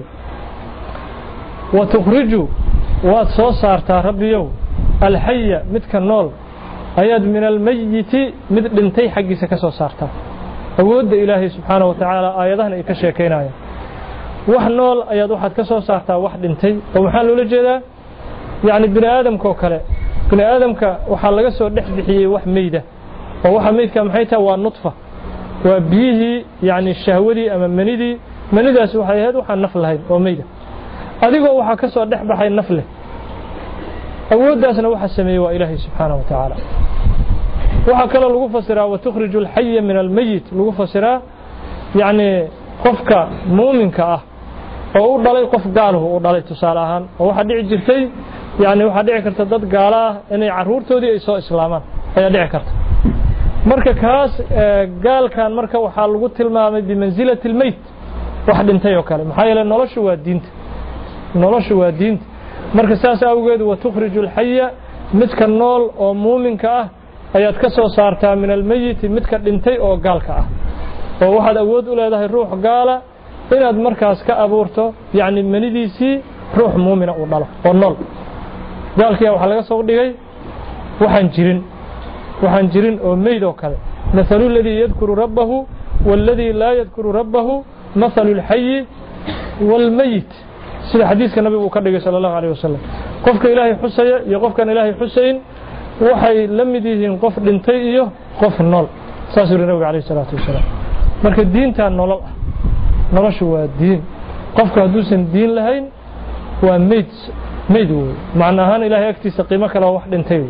wa tukhriju wa soo saartaa rabbiyow alhayya midka nool ayaad min almayyiti mid dhintay xaqiisa ka soo saarta awoodda ilaahay subhanahu wa ta'ala aayadahan ay ka sheekeynayaan wax nool ayaad waxaad ka soo saartaa wax dhintay oo waxa loo jeedaa yaani bini aadamka kale bini aadamka waxa laga soo dhex bixiyay wax meeyda oo waxa meeyka maxay tahay waa nutfa waa bihi yaani shahwadii ama manidii manidaas waxay ahayd waxa naf lahayd oo meeyda adigoo waxa ka soo dhex baxay naf leh awooddaasna waxa sameeyay waa ilaahay subhanahu wa ta'ala waxa kale lagu fasiraa wa tukhrijul hayya min al mayyit lagu fasiraa yaani qofka muuminka ah oo u dhalay qof gaal ah oo dhalay tusaale ahaan oo waxa dhici jirtay yaani waxa dhici karta dad gaal ah inay caruurtoodii ay soo islaamaan ayaa dhici karta marka kaas gaalkan marka waxa lagu tilmaamay bi manzilatil mayt wax dhintay oo kale maxaa yeelay noloshu waa diinta noloshu waa diinta marka saas awgeed wa tukhrijul hayya midka nool oo muuminka ah ayaad ka soo saartaa min al mayyit midka dhintay oo gaalka ah oo waxaad awood u leedahay ruux gaala inaad markaas ka abuurto yaani manidiisi ruux muumina u dhalo oo nool gaalkiya waxa laga soo dhigay waxaan jirin waxaan jirin oo meeyd oo kale mathalu alladhi yadhkuru rabbahu walladhi la yadhkuru rabbahu مثل الحي والميت سيد حديث النبي وكرر صلى الله عليه وسلم قفك إلهي حسين يقف كان إلهي حسين وحي لم يدين قف دنتي قف النول ساسر النبي عليه الصلاة والسلام marka diinta nolol noloshu waa diin qofka haduusan diin lahayn waa meed meed macnaheedu ilaahay agtiisa qiimo kale wax dhintay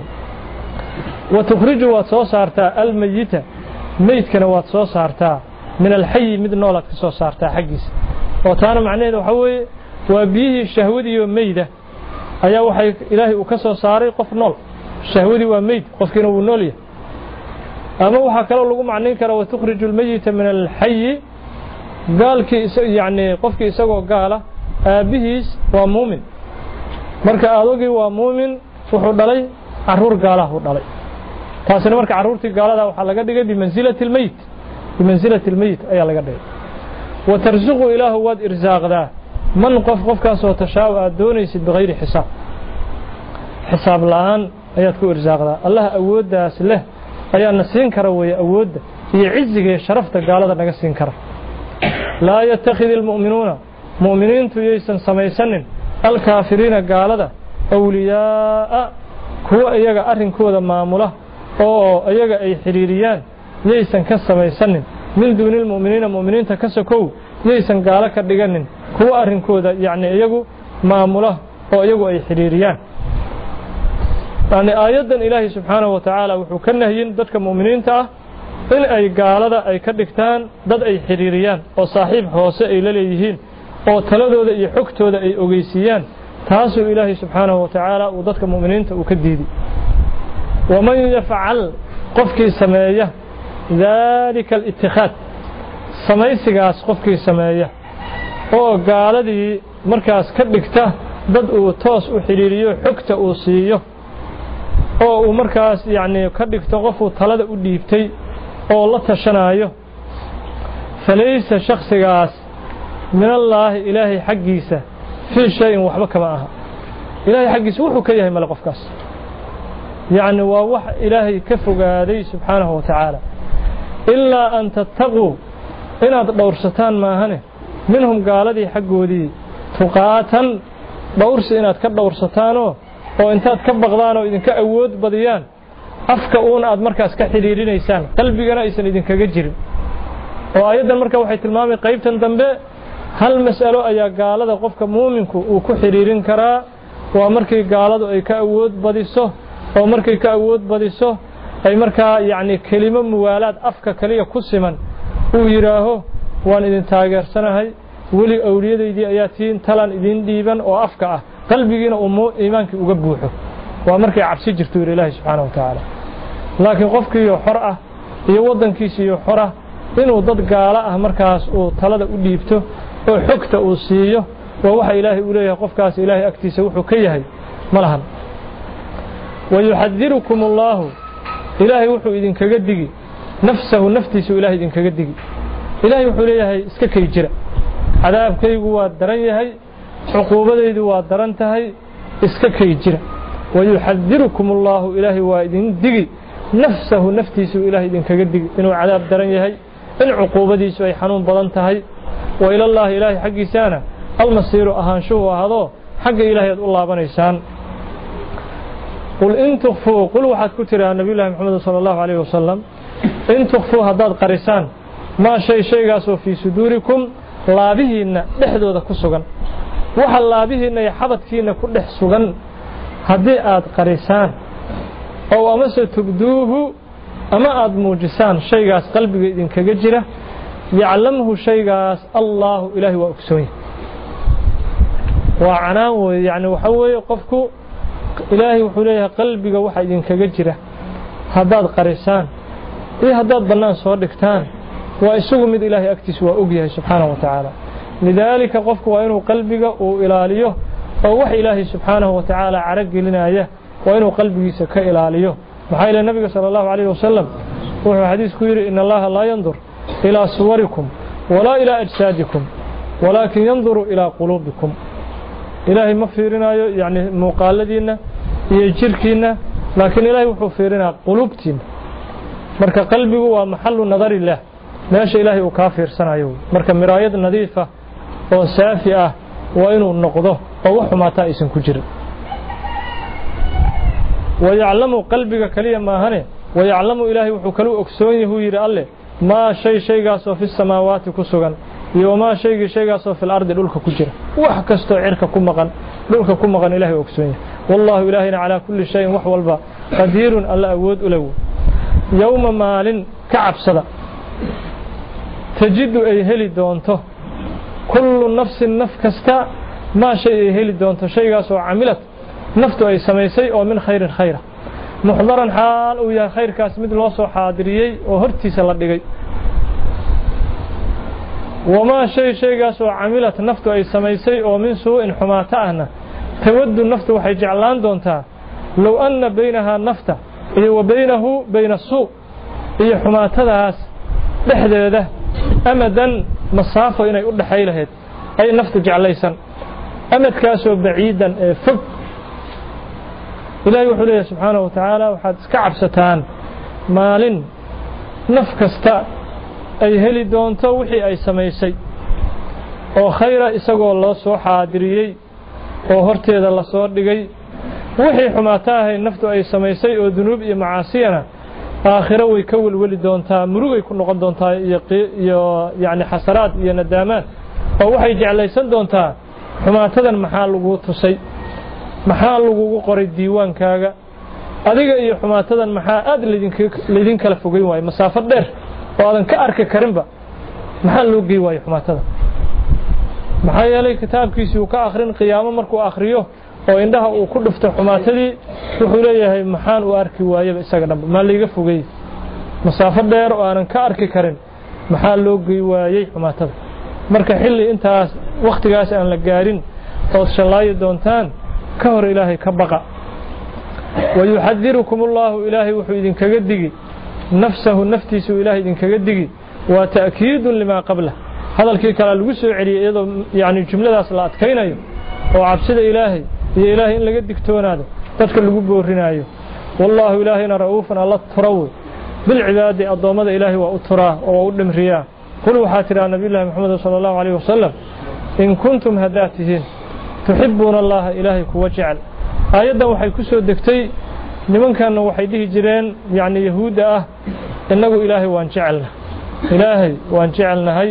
wa tukhriju wa soo saarta al mayita meedkana waa soo saarta min al hayy mid noolad ka soo saarta xaqiisa oo taana macnaheedu waxa weeye waa bihi shahwadi iyo meeyda ayaa waxay ilaahay uu ka soo saaray qof nool shahwadi waa meed qofkina uu nool yahay ama waxa kale lagu macnayn kara wa tukhriju al mayita min al hayy gaalkii yani qofkii isagoo gaala aabihiis waa muumin marka aadogii waa muumin wuxuu dhalay caruur gaalaha uu dhalay taasina marka caruurtii gaalada waxa laga dhigay bimanzilati al mayit bimanzilati al mayit ayaa laga dhigay wa tarzuqu ilaahu wad irsaaqda man qof qofkaas oo tashaaw aad doonaysid bighayri xisaab xisaab la'aan ayaad ku irsaaqda allah awoodaas leh ayaa nasiin kara way awoodda iyo ciziga iyo sharafta gaalada naga siin kara لا يتخذ المؤمنون مؤمنين ييسن سميسنن الكافرين قالدا أولياء هو أيغا أرنكودا مامولا أو أيغا أي حريريان ييسن كسميسنن من دون المؤمنين مؤمنين تكسكو ييسن قالا كدغنن هو أرنكودا يعني أيغو مامولا أو أيغو أي حريريان يعني آيادا إلهي سبحانه وتعالى وحو كنهيين ددك مؤمنين تا in ay gaalada ay ka dhigtaan dad ay xiriiriyaan oo saaxiib hoose ay la leeyihiin oo taladooda iyo xogtooda ay ogeysiyaan taasoo ilaahay subxaanahu wa tacaala uu dadka mu'miniinta uu ka diiday waman yafcal qofkii sameeya daalika al-ittikhaad samaysigaas qofkii sameeya oo gaaladii markaas ka dhigta dad uu toos u xiriiriyo xogta uu siiyo oo uu markaas yacni ka dhigto qofuu talada u dhiibtay oo la tashanayo falaysa shakhsigaas min allah ilaahi xaqiisa fi shay waxba kama aha ilaahi xaqiisa wuxuu ka yahay mal qofkaas yaani waa wax ilaahi ka fogaaday subhanahu wa ta'ala illa an tattaqu inaad dhowrsataan maahane minhum gaaladii xaqoodii tuqaatan dhowrsi inaad ka dhowrsataano oo intaad ka baqdaan oo idinka awood badiyaan afka uun aad markaas ka xiriirinaysaan qalbigana aysan idin kaga jirin oo ayadan marka waxay tilmaamay qaybtan dambe hal mas'alo ayaa gaalada qofka muuminku uu ku xiriirin karaa waa markii gaaladu ay ka awood badiso oo markii ka awood badiso ay markaa yaani kelimo muwaalaad afka kaliya ku siman uu yiraaho waan idin taageersanahay wali awliyadeedii ayaa tiin talan idin dhiiban oo afka ah qalbigiina uu iimaankii uga buuxo waa markay cabsi jirto ilaahay subhanahu wa ta'ala laakiin qofkii xor ah iyo wadankiisa xor ah inuu dad gaala ah markaas uu talada u dhiibto oo xogta uu siiyo waa waxa ilaahay u leeyahay qofkaas ilaahay agtiisa wuxuu ka yahay malahan ويحذركم الله إلهي وحو إذن كقدقي نفسه نفتيسه إلهي إذن كقدقي إلهي وحو ليهي اسككي جرى عذاب كيقوا الدرن يهي عقوبة يدوا الدرن تهي اسككي جرى ويحذركم الله إلهي وإذن دقي نفسه نفتيسه إلهي إذن كقدقي إنه عذاب درن يهي إن عقوبة ديسو أي حنون بضن تهي وإلى الله إلهي حقي سانا المصير أهانشوه هذا حق إلهي الله بنيسان قل إن تخفوا قل واحد كتر عن نبي الله محمد صلى الله عليه وسلم إن تخفوا هذا قريسان ما شيء شيء قاسوا في صدوركم لا به إن لحدوا ذا كسوغن وحل لا به إن يحبط فينا كل حسوغن هذه آد قريسان أو أمس تبدوه أما آد موجسان شيء قاس قلبي إذن كجرة يعلمه شيء قاس الله إلهي وأكسوه وعناه يعني وحوي قفكو إلهي وحوليه قلبك وحا إذن كجرة هداد قريسان إيه هداد بنان صوردكتان وإسوه مد إلهي أكتس وأقيه سبحانه وتعالى لذلك قفك وإنه قلبك وإلاليه ووحي إلهي سبحانه وتعالى عرق لنا إياه وإنه قلبك سكا إلاليه محايل النبي صلى الله عليه وسلم وهو حديث كوير إن الله لا ينظر إلى صوركم ولا إلى أجسادكم ولكن ينظر إلى قلوبكم إلهي ما فيرنا يعني مقالدين يجركنا لكن إلهي وحو فيرنا قلوبتنا مركا قلبه ومحل نظر الله meesha ilaahay uu ka fiirsanayo marka miraayad nadiifa oo saafi ah waa inuu noqdo oo wax xumaata aysan ku jirin ويعلم قلبك كليا ما هني ويعلم إلهي وحكلو أكسوني هو يرى الله ما شيء شيء قاسو في السماوات كسوغان يوما شيء شيء قاسو في الأرض لولك كجرة وحكستو عرك كمغان لولك كمغان إلهي أكسوني والله إلهنا على كل شيء وحو البا قدير الله أود ألو يوم مال كعب صدا تجد أي هلي دونته كل نفس نفكستا ما شيء هلي دونته شيء قاسو عملت نفته أي سميسي أو من خير خيره محضرا حال ويا خير كاس مثل وصو حاضريي وهرتي سلدغي وما شيء شيء قاسو عملت نفته أي سميسي أو من سوء حماتهنا تود النفط وحي جعلان دونتا لو أن بينها نفته وبينه بين السوء هي حماتهاس دحدده أمدا مسافة إنay u dhaxay lahayd ay naftu jeclaysan amadkaasoo baciidan ee fog إلهي وحده سبحانه وتعالى وحد كعب ستان مالين نفكستا أي هلي دونتا وحي أي سميسي أو خير إساقو الله سو حادريي أو هرتي ذا الله سو دقي وحي حماتاه النفتو أي سميسي أو ذنوب إي معاسينا آخرة ويكول ولي دونتا مروغ يكون نقض دونتا يعني حسرات إي ندامات أو وحي جعليسان دونتا حماتها محال وغوتسي maxaa lagu qoray diiwaankaaga adiga iyo xumaatadan maxaa aad leedin kala fogeyn waay masaafo dheer oo aadan ka arki karinba maxaa loo geey waay xumaatada maxaa yeelay kitaabkiisii uu ka akhrin qiyaamo markuu akhriyo oo indhaha uu ku dhufto xumaatadii wuxuu leeyahay maxaan u arki waayaba isaga dhanba ma liiga fogeey masaafo dheer oo aanan ka arki karin maxaa loo geey waayay xumaatada marka xilli intaas waqtigaas aan la gaarin oo shalaayo doontaan كهر إلهي كبقى ويحذركم الله إلهي وحيد كجدجي نفسه نفتيس إلهي إذن كجدجي وتأكيد لما قبله هذا الكيك على الوسع يعني جملة صلاة كينايو وعبسد إلهي يا إلهي إن لقدك تون هذا تذكر الجب والرنايو والله إلهنا رؤوفا الله تروي بالعباد الضامد إلهي وأتراه وأولم رياه قلوا حاترا نبي الله محمد صلى الله عليه وسلم إن كنتم هداتهين تحبون الله إلهي كوجعل آيادا waxay ku soo degtay nimankan waxay dhihi jireen yaani yahuuda ah inagu ilaahay waan jecelna ilaahay waan jecelnahay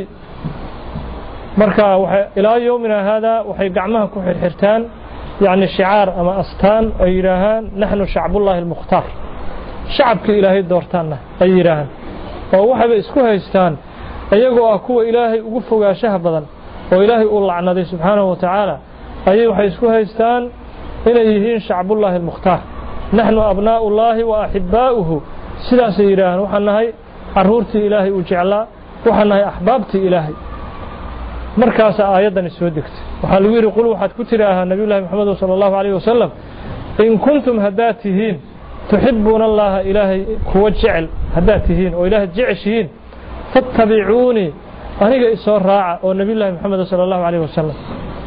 marka waxa ilaa yoomina hada waxay gacmaha ku xirxirtaan yaani shicaar ama astaan ay yiraahaan nahnu shacbullahi almukhtar shacabka ilaahay doortaana ay yiraahaan oo waxay isku haystaan ayagoo ah kuwa ilaahay ugu fogaashaha badan oo ilaahay uu lacnaday subhanahu wa ta'ala أي وحيسكو هيستان إليهين شعب الله المختار نحن أبناء الله وأحباؤه سلا سيران وحنهي عرورتي إلهي وجعلا وحنهي أحبابتي إلهي مركز آيادا نسودكت وحالوير يقولوا وحد كترها النبي الله محمد صلى الله عليه وسلم إن كنتم هداتهين تحبون الله إلهي كوجعل هداتهين وإله جعشهين فاتبعوني أنا إسور راعة والنبي الله محمد صلى الله عليه وسلم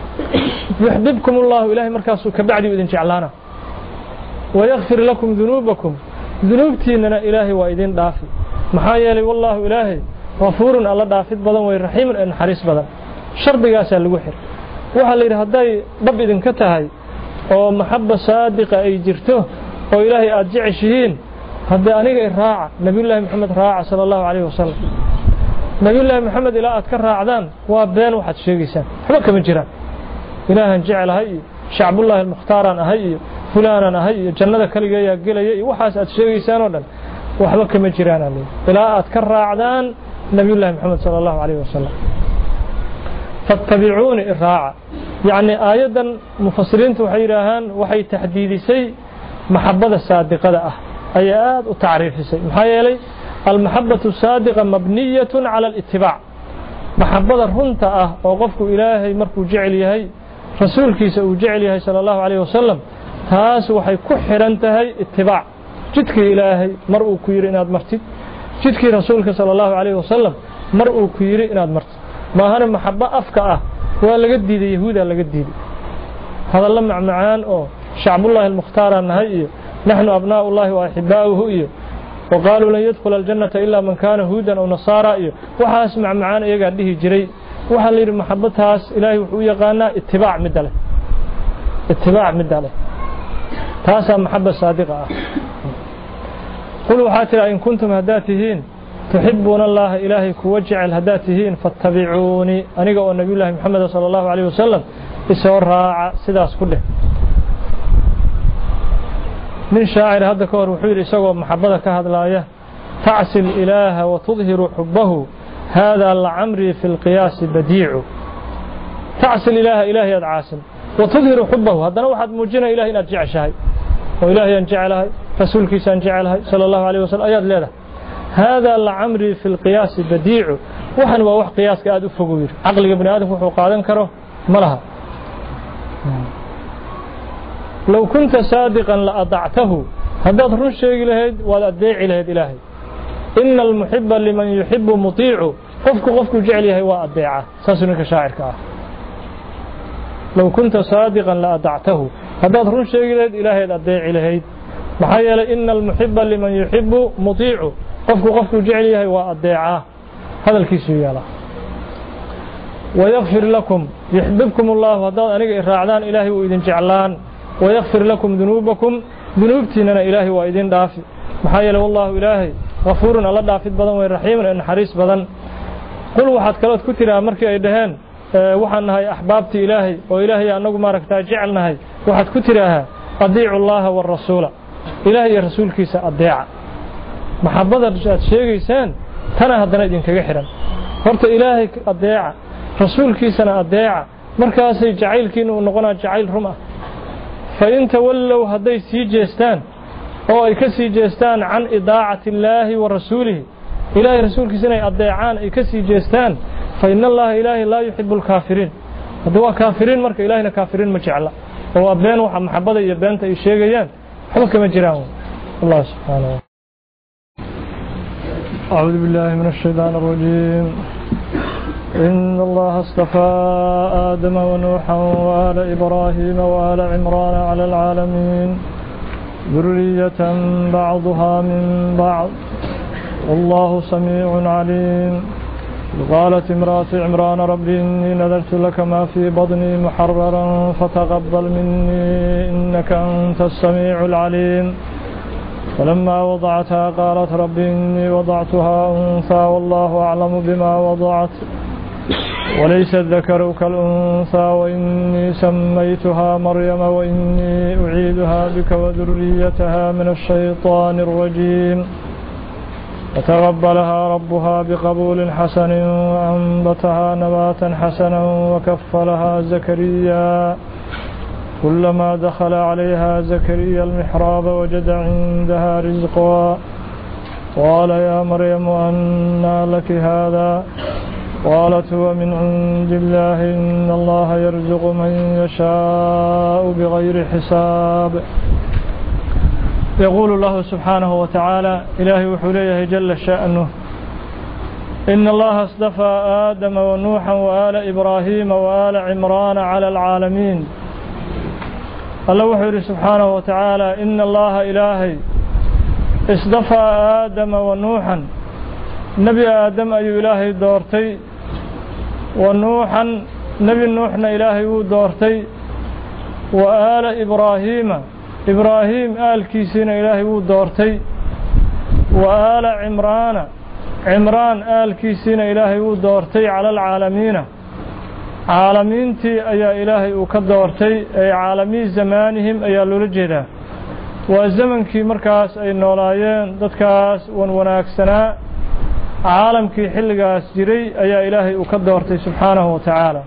يحببكم الله إلهي مركز كبعدي وإذن جعلانا ويغفر لكم ذنوبكم ذنوبتيننا إلهي وإذن دافي محايا لي والله إلهي غفور الله دافي بدن ويرحيم إن حريص بدن شرط قاسا لوحر وحال إذا هداي رب إذن كتهي ومحبة صادقة أي جرته وإلهي أرجعشهين هدا أنيق الراعة نبي الله محمد راعة صلى الله عليه وسلم نبي الله محمد إلا أذكر راعدان وابدان واحد شيقيسان حبك من جيران إلها جعل هاي شعب الله المختار هاي فلانا هاي جنة كلية قلية وحاس أتشيقيسان ودن وحبك من جيران إلا أذكر راعدان نبي الله محمد صلى الله عليه وسلم فاتبعوني الراعة يعني آيادا مفسرين توحيرهان وحي تحديد سي محبة الصادقة آيات وتعريف سي محايا المحبة الصادقة مبنية على الاتباع محبة رنتا أه وقفك إلهي مركو جعليهي رسولك سأجعليهي صلى الله عليه وسلم تاس وحي كحرنتهي اتباع جدك إلهي مرء كير إناد مرتد جدك رسولك صلى الله عليه وسلم مرء كير إناد مرتد ما هنا محبة أفكا أه ولا قد دي يهودا لا قد دي هذا لما معان أو شعب الله المختار النهائي نحن أبناء الله وأحباؤه وقالوا لن يدخل الجنة إلا من كان هودا أو نصارى وحاس مع معانا يقعد به جري وحال لي محبتها إلهي وحوية قالنا اتباع مدله اتباع مدله تاسا محبة صادقة قلوا حاتلا إن كنتم هداتهين تحبون الله إلهي كوجع الهداتهين فاتبعوني أنيقوا النبي الله محمد صلى الله عليه وسلم إسور راعة سداس كله من شاعر هذا كور وحير يسوى محبة كهذا الآية تعسي الإله وتظهر حبه هذا لعمري في القياس بديع تعسي الإله إلهي العاسم وتظهر حبه هذا واحد موجنا إلهي نرجع شيء وإلهي أنجعلها رسولك سنجعلها صلى الله عليه وسلم آيات ليلة هذا لعمري في القياس بديع وحن وح قياس كأدو فقوير عقل ابن آدم وحو قادن كره ملها لو كنت صادقا لأضعته هذا ترون شيء لهيد وأدعي لهيد إلهي إن المحب لمن يحب مطيع قفك قفك جعله وأدعه ساسنك شاعر كاه لو كنت صادقا لأضعته هذا ترون شيء لهيد إلهي أدعي لهيد محايا إن المحب لمن يحب مطيع قفك قفك جعله وأدعه هذا الكيس يالا ويغفر لكم يحببكم الله هذا أنك إرادان إلهي وإذن جعلان ويغفر لكم ذنوبكم ذنوبتنا إلهي وإذن دافي محايا والله إلهي غفور الله دافد بدن والرحيم لأن حريص بدن قل واحد كلات كتير مركي أيدهن وحن هاي أحبابتي إلهي وإلهي أنه ما ركتا جعلنا هاي واحد كتيرها أضيع الله والرسول إلهي الرسول كيس أضيع محبة رجعت شيء إنسان تنا هذا ندين كجحرا فرت إلهي أضيع رسول كيس أنا أضيع مركز جعيل كينو نقنا جعيل رمى فإن تولوا هذي سيجستان أو يكسي جستان عن إضاعة الله ورسوله إلهي رسول كيسنا أضيعان يكسي جستان فإن الله إلهي لا يحب الكافرين هذا كافرين مرك إلهنا كافرين مجعلا هو أبين وحب محبة يبين تيشيجيان حبك مجراهم الله سبحانه وتعالى أعوذ بالله من الشيطان الرجيم إن الله اصطفى آدم ونوحا وآل إبراهيم وآل عمران على العالمين ذرية بعضها من بعض والله سميع عليم قالت امرأة عمران ربي إني نذرت لك ما في بطني محررا فتقبل مني إنك أنت السميع العليم فلما وضعتها قالت ربي إني وضعتها أنثى والله أعلم بما وضعت وليس الذكر كالأنثى وإني سميتها مريم وإني أعيدها بك وذريتها من الشيطان الرجيم فتقبلها ربها بقبول حسن وأنبتها نباتا حسنا وكفلها زكريا كلما دخل عليها زكريا المحراب وجد عندها رزقا قال يا مريم أنى لك هذا قالت هو من عند الله إن الله يرزق من يشاء بغير حساب يقول الله سبحانه وتعالى إلهي وحليه جل شأنه إن الله اصطفى آدم ونوحا وآل إبراهيم وآل عمران على العالمين الله وحده سبحانه وتعالى إن الله إلهي اصطفى آدم ونوحا نبي آدم أي إلهي دورتي ونوحا نبي نوحنا إلهي دورتي وآل إبراهيم إبراهيم آل كيسين إلهي دورتي وآل عمران عمران آل كيسين إلهي دورتي على العالمين عالمينتي أي إلهي وكدورتي أي عالمي زمانهم أي لولجدا وزمن كي مركز أي نولايين دتكاس ونوناكسنا عالم كي حلقاس جري أي إلهي وكدورتي سبحانه وتعالى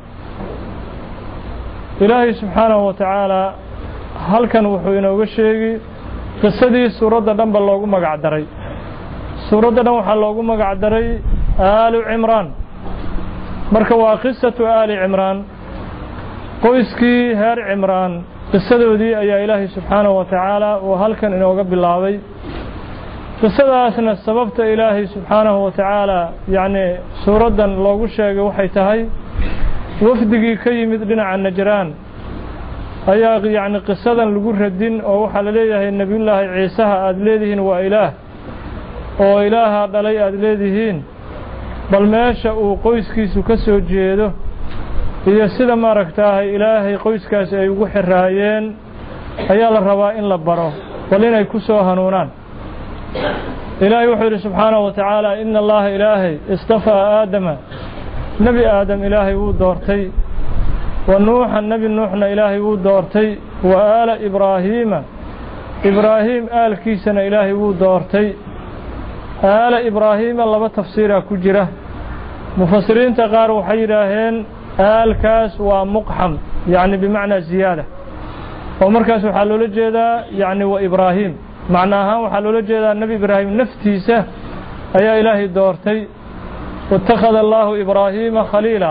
إلهي سبحانه وتعالى هل كان وحوينا وشيغي قصدي سورة دنبا لوغو مقعدري سورة دنبا لوغو مقعدري آل عمران marka waa qisatu aali cimraan qoyskii heer cimraan qisadoodii ayaa ilaahay subxaanahu wa tacaala uu halkan inooga bilaabay qisadaasna sababta ilaahay subxaanahu wa tacaala yacni suuraddan loogu sheegay waxay tahay wafdigii ka yimid dhinaca najraan ayaa yacni qisadan lagu radin oo waxaa la leeyahay nebiyullaahi ciisaha aada leedihiin waa ilaah oo ilaaha dhalay aad leedihiin bal meesha uu qoyskiisu ka soo jeedo iyo sida maaragtaahay ilaahay qoyskaas ay ugu xiraayeen ayaa la rabaa in la baro bal inay ku soo hanuunaan ilaahay wuxuu yidhi subxaanahu wa tacaala ina allaha ilaahay istafaa aadama nebi aadam ilaahay wuu doortay wa nuuxan nebi nuuxna ilaahay wuu doortay wa aala ibraahiima ibraahiim aalkiisana ilaahay wuu doortay aala ibraahiima laba tafsiiraa ku jira mufasiriinta qaar waxay yidhaaheen aalkaas waa muqxam yacni bimacnaa ziyaada oo markaas waxaa loola jeedaa yacni wa ibraahiim macna ahaan waxaa loola jeedaa nebi ibraahim naftiisa ayaa ilaahay doortay waittakhada allaahu ibraahiima khaliila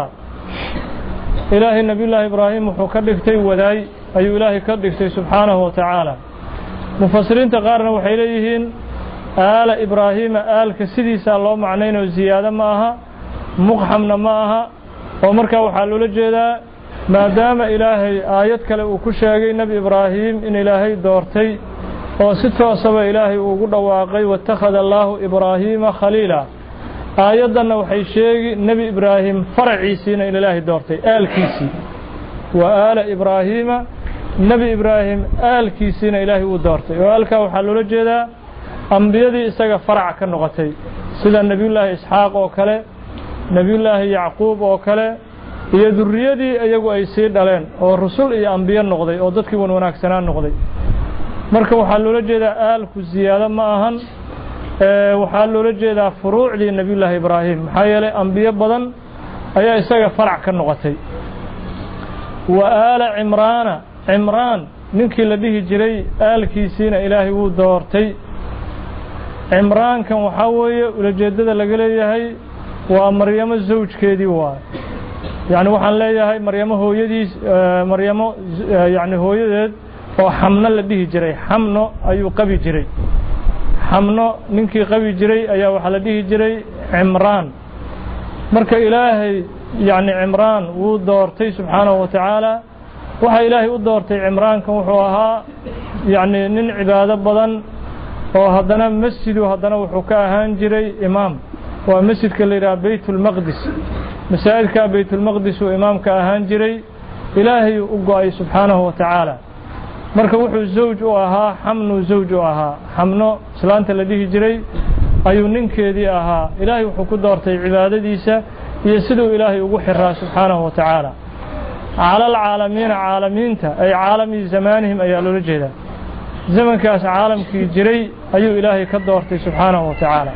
ilaahay nebiyullaahi ibraahim wuxuu ka dhigtay wadaay ayuu ilaahay ka dhigtay subxaanahu wa tacaala mufasiriinta qaarna waxay leeyihiin aala ibraahiima aalka sidiisaa loo macnaynoo ziyaado ma aha muqxamna ma aha oo markaa waxaa loola jeedaa maadaama ilaahay aayad kale uu ku sheegay nebi ibraahim in ilaahay doortay oo si toosaba ilaahay uugu dhawaaqay waittakhada allaahu ibraahiima khaliila aayaddanna waxay sheegi nebi ibraahim faraciisiina in ilaahay doortay aalkiisii wa aala ibraahiima nebi ibraahim aalkiisiina ilaahay uu doortay oo aalkaa waxaa loola jeedaa ambiyadii isaga farac ka noqotay sida nebiyullaahi isxaaq oo kale nebiyullaahi yacquub oo kale iyo durriyadii iyagu ay sii dhaleen oo rusul iyo ambiyo noqday oo dadkii wan wanaagsanaan noqday marka waxaa loola jeedaa aalku ziyaado ma ahan waxaa loola jeedaa furuucdii nebiyullaahi ibraahim maxaa yeelay ambiyo badan ayaa isaga farac ka noqotay wa aala cimraana cimraan ninkii la dhihi jiray aalkiisiina ilaahay wuu doortay cimraankan waxaa weeye ulajeeddada laga leeyahay waa maryamo zawjkeedii waay yacni waxaan leeyahay maryamo hooyadiis maryamo yacni hooyadeed oo xamno la dhihi jiray xamno ayuu qabi jiray xamno ninkii qabi jiray ayaa waxaa la dhihi jiray cimraan marka ilaahay yacni cimraan wuu doortay subxaanahu wa tacaala waxaa ilaahay u doortay cimraankan wuxuu ahaa yacni nin cibaado badan oo haddana masjidu haddana wuxuu ka ahaan jiray imaam waa masjidka la yidhaha baytulmaqdis masaajidka baytulmaqdis uu imaamka ahaan jiray ilaahay u go-ay subxaanahu wa tacaala marka wuxuu zawj u ahaa xamnu zawj u ahaa xamno islaanta la dhihi jiray ayuu ninkeedii ahaa ilaahay wuxuu ku doortay cibaadadiisa iyo siduu ilaahay ugu xiraa subxaanahu wa tacaala cala alcaalamiina caalamiinta ay caalami zamaanihim ayaa loola jeedaa zamankaas caalamkii jiray ayuu ilaahay ka doortay subxaanahu wa tacaala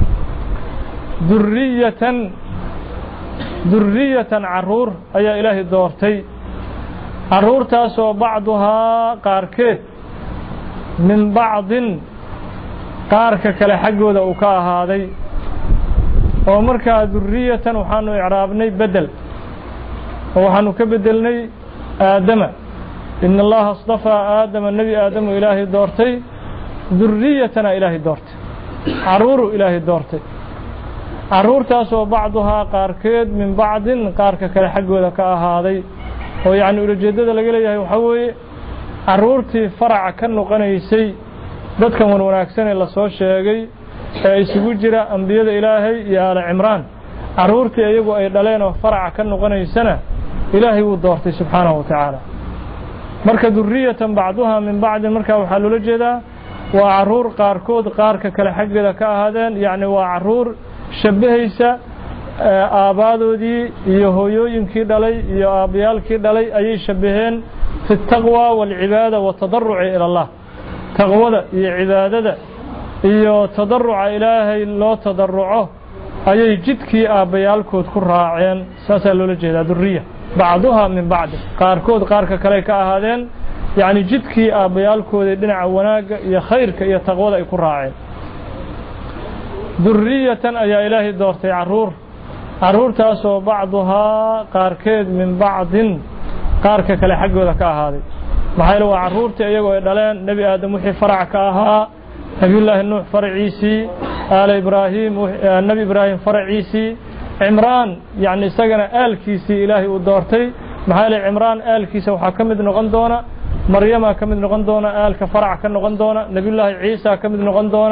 durriyatan durriyatan carruur ayaa ilaahay doortay carruurtaasoo bacduhaa qaarkeed min bacdin qaarka kale xaggooda uu ka ahaaday oo markaa durriyatan waxaanu icraabnay bedel oo waxaanu ka bedelnay aadama ina allaha astafaa aadama nebi aadamu ilaahay doortay durriyatana ilaahay doortay carruuru ilaahay doortay carruurtaasoo bacduhaa qaarkeed min bacdin qaarka kale xaggooda ka ahaaday oo yacni ulajeeddada laga leeyahay waxaa weeye carruurtii faraca ka noqonaysay dadkan wan wanaagsan ee lasoo sheegay ee isugu jira ambiyada ilaahay iyo aala cimraan carruurtii iyagu ay dhaleen oo faraca ka noqonaysana ilaahay wuu doortay subxaanahu wa tacaala marka durriyatan bacduhaa min bacdin markaa waxaa loola jeedaa waa carruur qaarkood qaarka kale xaggeeda ka ahaadeen yacni waa carruur shabbahaysa aabaadoodii iyo hooyooyinkii dhalay iyo aabbayaalkii dhalay ayay shabbaheen fi taqwa waalcibaada waatadarruci ila allah taqwada iyo cibaadada iyo tadarruca ilaahay loo tadarruco ayay jidkii aabbayaalkood ku raaceen saasaa loola jeedaa durriya bacduhaa min bacdi qaarkood qaarka kale ka ahaadeen yacni jidkii aabbayaalkooda dhinaca wanaagga iyo khayrka iyo taqwada ay ku raaceen durriyatan ayaa ilaahay doortay carruur carruurtaasoo bacduhaa qaarkeed min bacdin qaarka kale xaggooda ka ahaaday maxaa yeele waa carruurtii iyagoo ay dhaleen nebi aadam wixii farac ka ahaa nebiyullaahi nuux faraciisii aala ibraahim nebi ibraahim faraciisii cimraan yacni isagana aalkiisii ilaahay uu doortay maxaa yeele cimraan aalkiisa waxaa ka mid noqon doona maryamaa ka mid noqon doona aalka farac ka noqon doona nebiyullaahi ciisa ka mid noqon doona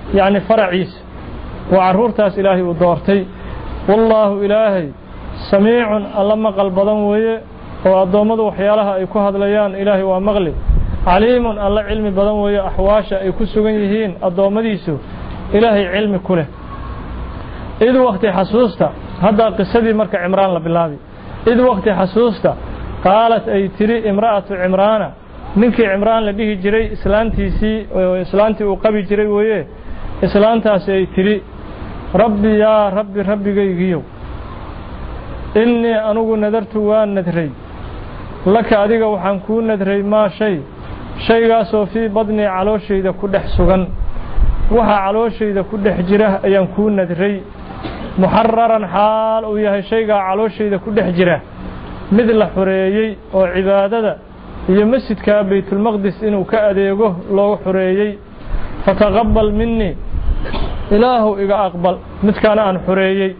يعني فرعيس وعرور تاس إلهي ودورتي والله إلهي سميع اللهم قلبضا ويه وأضمد وحيالها يكو هذليان إلهي ومغلب عليم الله علم بدن ويه أحواشا يكو سغنيهين أضمديسو إلهي علم كله إذ وقت حسوستا هذا قصدي مرك عمران لبلابي إذ وقت حسوستا قالت أي تري امرأة عمران منك عمران لديه جري إسلانتي سي وإسلانتي وقبي جري ويه إسلانتا سي تري ربي يا ربي ربي جيجيو إني أنو نذرت وان ندري لك أديك وحنكون ندري ما شيء شيء قاسو في بدني على شيء إذا كده حسغن وها على شيء إذا كده حجره ينكون ندري محررا حال وياه شيء على شيء إذا كده حجره مثل حريي وعبادة يمسد كبيت المقدس إنه كأديكه لو حريي فتقبل مني إله إذا أقبل متكان عن حريي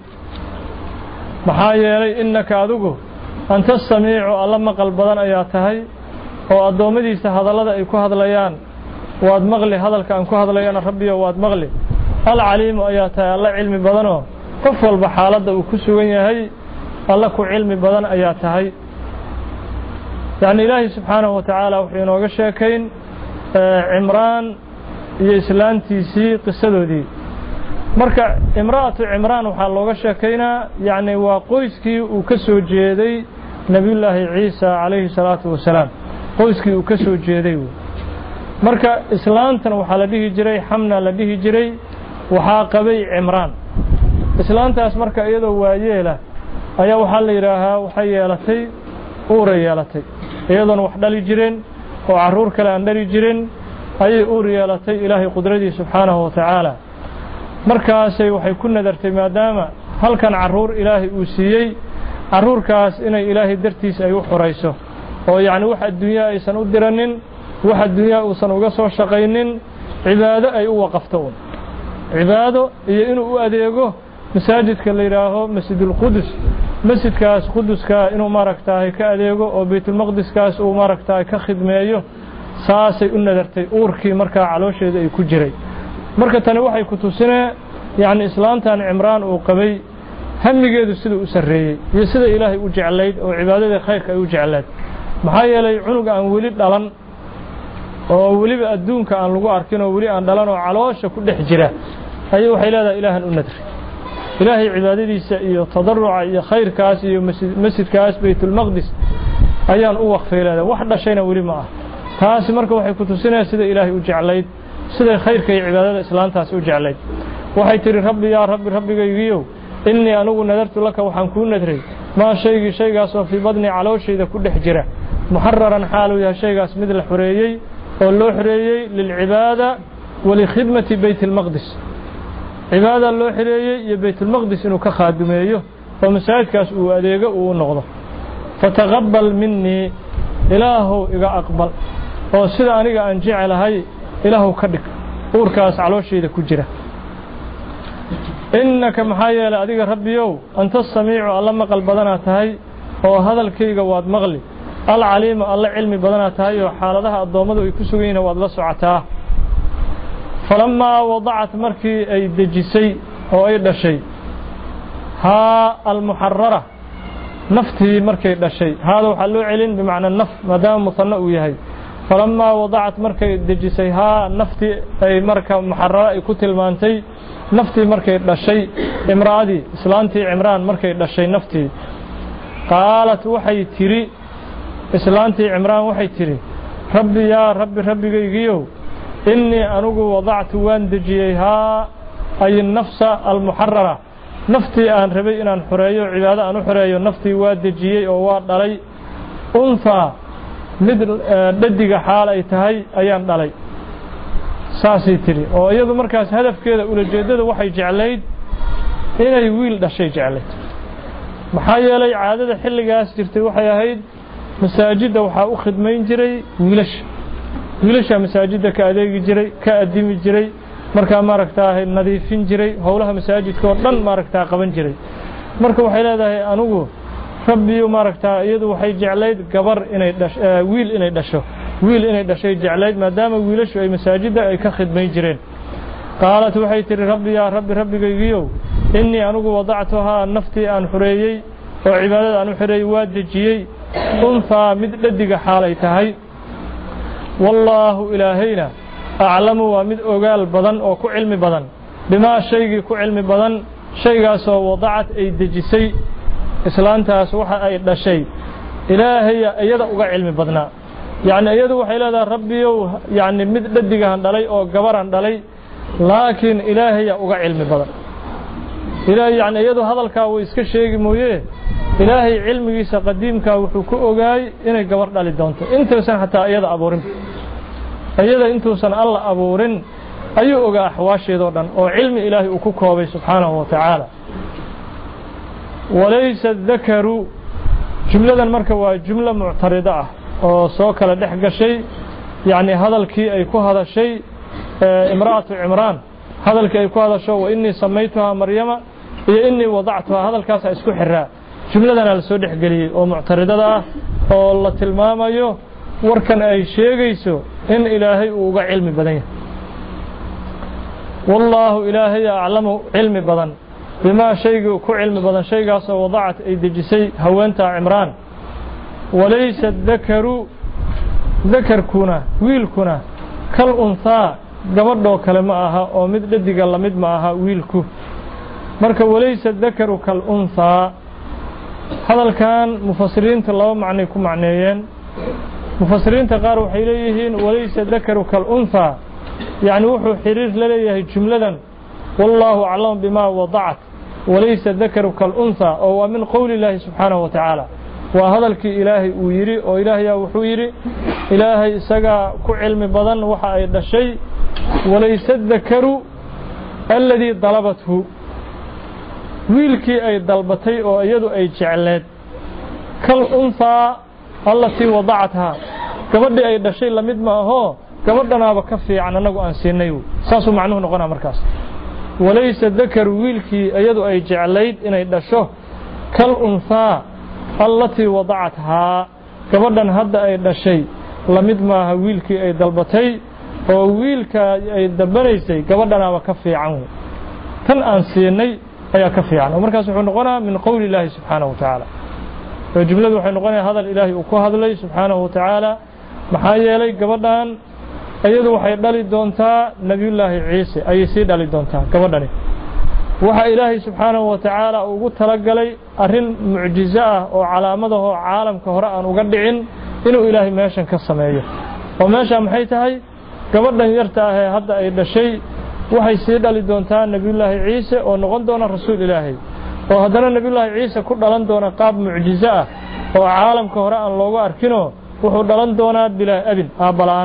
محايا إنك أدوكو أنت السميع اللهم قلبضان أياتهي وأدومديس هذا لدى يكو هذا ليان واد مغلي هذا الكان كو هذا ليان ربي واد مغلي العليم أياتهي الله علمي بدنه كفل بحالة وكسوين هي الله كو علمي بدن أياتهي يعني إلهي سبحانه وتعالى وحين وقشاكين عمران يسلان تيسي قصده دي marka imraatu Imraan waxa looga sheekeynaa yaani waa qoyskii uu ka soo jeeday nabiyullaahi Ciisa alayhi salaatu wasalaam qoyskii uu ka soo jeeday marka islaantan waxa la dhihi jiray Hamna la dhihi jiray waxa qabay Imraan islaantaas marka iyadoo waayeela ayaa waxa la yiraahaa waxa yeelatay uur yeelatay iyadoo wax dhali jireen oo caruur kale aan dhali jireen ayay uur yeelatay Ilaahay qudradiisa subhanahu wa ta'ala markaasay waxay ku nadartay maadaama halkan caruur Ilaahay uu siiyay caruurkaas inay Ilaahay dartiisa ay u xurayso oo yaani wax adduunyo aysan u diranin wax adduunyo uusan uga soo shaqaynin cibaado ay u waqafto cibaado iyo inuu u adeego masaajidka la yiraahdo Masjidul Qudus masjidkaas Quduska inuu maaragtaay ka adeego oo Baytul Maqdiskaas uu maaragtaay ka khidmeeyo saasay u nadartay uurkii markaa caloosheeda ay ku jiray marka tani waxay ku tusinay yaani islaantan Imraan uu qabay hamigeedu sida uu sareeyay iyo sida Ilaahay u jecelayd oo cibaadada khayrka ay u jecelayd maxaa yeelay cunuga aan wali dhalan oo waliba adduunka aan lagu arkin oo wali aan dhalan oo caloosha ku dhex jira ayay waxay leedahay Ilaahan u nadri Ilaahay cibaadadiisa iyo tadarruca iyo khayrkaas iyo masjidkaas Baytul Maqdis ayaan u waqfeelada wax dhashayna wali ma ah taas marka waxay ku tusinay sida Ilaahay u jecelayd sida khayrka iyo cibaadada islaantaas u jecelayd waxay tiri rabbi ya rabbi rabbigaygiyo inni anugu nadartu laka waxaan ku nadray ma shaygi shaygaas oo fi badni calooshayda ku dhex jira muharraran xaalu ya shaygaas mid la xureeyay oo loo xureeyay lil cibaada wa li khidmati baytil maqdis cibaada loo xureeyay iyo baytul maqdis inuu ka khaadimeeyo oo masaajidkaas uu adeego uu noqdo fataqabbal minni ilaahu iga aqbal oo sida aniga aan jecelahay ilaahu ka dhig uurkaas calooshayda ku jira innaka maxayala adiga rabbiyow anta samiicu alla maqal badana tahay oo hadalkayga waad maqli al caliim alla cilmi badana tahay oo xaaladaha adoomadu ay ku sugan waad la socotaa falamma wadacat markii ay dejisay oo ay dhashay ha al muharrara naftii markay dhashay hada waxa loo celin bimaana naf maadaama musanna uu yahay فلما وضعت مركي دجسيها نفتي أي مركة محررة كتل مانتي نفتي مركي دشي امرأتي إسلانتي عمران مركي دشي نفتي قالت وحي تري إسلانتي عمران وحي تري ربي يا ربي ربي جيجيو إني أنوغ وضعت وان دجيها أي النفس المحررة نفتي أن ربي إن حريو عبادة أن حريو نفتي وان دجيي أو وان دلي أنثى mid dadiga xaal ay tahay ayaan dhalay saasi tiri oo iyadu markaas hadafkeeda ula jeedada waxay jeclayd inay wiil dhashay jeclayd maxaa yeelay caadada xilligaas jirtay waxay ahayd masaajidda waxa u khidmayn jiray wiilash wiilasha masaajidda ka adeegi jiray ka adimi jiray marka maaragtaa nadiifin jiray howlaha masaajidka oo dhan maaragtaa qaban jiray marka waxay leedahay anigu rabbiyo maaragtaa iyadu waxay jeclayd gabar inay dhasho wiil inay dhasho wiil inay dhashay jeclayd maadaama wiilashu ay masaajidda ay ka khidmayn jireen قالت وحي تري ربي يا ربي ربي قيقيو إني أنو وضعتها نفتي أن حريي وعبادة أن حريي وادجيي أنثى مد لدق حاليتهي والله إلهينا أعلم ومد أقال بدن أو كعلم بدن بما شيء كعلم بدن شيء سو وضعت أي دجسي إسلامتها سوحة أي شيء إلهي أيضا أقال علم بدنا يعني أيضا وحيلا ربي يعني مد لدق هندلي أو قبر هندلي لكن إلهي أقال علم بدن إلهي يعني أيضا هذا الكاو إسك شيء مويه إلهي علمي قديم كاو حكو أقاي إنه قبر دالي دونته أنت سن حتى أيضا أبورن أيضا أنتو سن الله أبورن أي أقا أحواشي دورن أو علم إلهي أكوكوبي سبحانه وتعالى وليس الذكر جملة المركة جملة معترضة أو سوكا لدحق شيء يعني هذا الكي أيكو هذا الشيء امرأة عمران هذا الكي أيكو هذا الشيء وإني سميتها مريم إيه إني وضعتها هذا الكاس أسكو حراء جملة أنا لسودح قليل أو معترضة أو الله تلمام أيوه وركن أي شيء يسو إن إلهي وقع علم بدنه والله إلهي أعلم علم بدن بما شيء كو علم بدن شيء قاس وضعت أي دجسي هوانتا عمران وليس الذكر ذكر كنا ويل كنا كالأنثى قبضوا كلمة أو مد لدي قال مد معها ويلكو مركب وليس الذكر كالأنثى هذا كان مفسرين الله معنيكم معنيين مفسرين تقاروا حيليهين وليس الذكر كالأنثى يعني وحو حرير لليه جملة والله أعلم بما وضعت وليس الذكر كالأنثى أو من قول الله سبحانه وتعالى وهذا الكي إلهي ويري أو إلهي وحو يري إلهي سقى كعلم بدن وحا أيضا الشيء وليس الذكر الذي ضلبته ويلكي أي ضلبتي أو أيضا أي جعلت كالأنثى التي وضعتها كبدي أي الشيء لمد ما هو كبدنا بكفي عن أنه أنسينيو ساسو معنوه نقنا مركز وليس الذكر ويلكي أيضا أي جعلت إن يدشه كالأنثى التي وضعتها كبدنا هذا أي الشيء لمد ما ويلكي أي ضلبتي أو ويلك أي دبريسي كبدنا بكفي عنه كان أنسيني أي كفي عنه مركز نقنا من قول الله سبحانه وتعالى فجملة وحين نقنا هذا الإلهي وكو هذا الله سبحانه وتعالى محايا لي قبضان أيضا وحي دالي دونتا نبي الله عيسى أي سي دالي دونتا قبضاني وحي إلهي سبحانه وتعالى وقلت تلقى لي أرين معجزة وعلامته عالم كهراء وقدعين إنه إلهي ماشا كالسماية وماشا محيتهي قبضان يرتاهي هذا أيضا شيء وحي سي دالي دونتا نبي الله عيسى ونقول دون الرسول إلهي وهذا النبي الله عيسى كل دلان دونا قاب معجزة وعالم كهراء لوغو أركنه وحو دلان دونا بلا أبن آبالان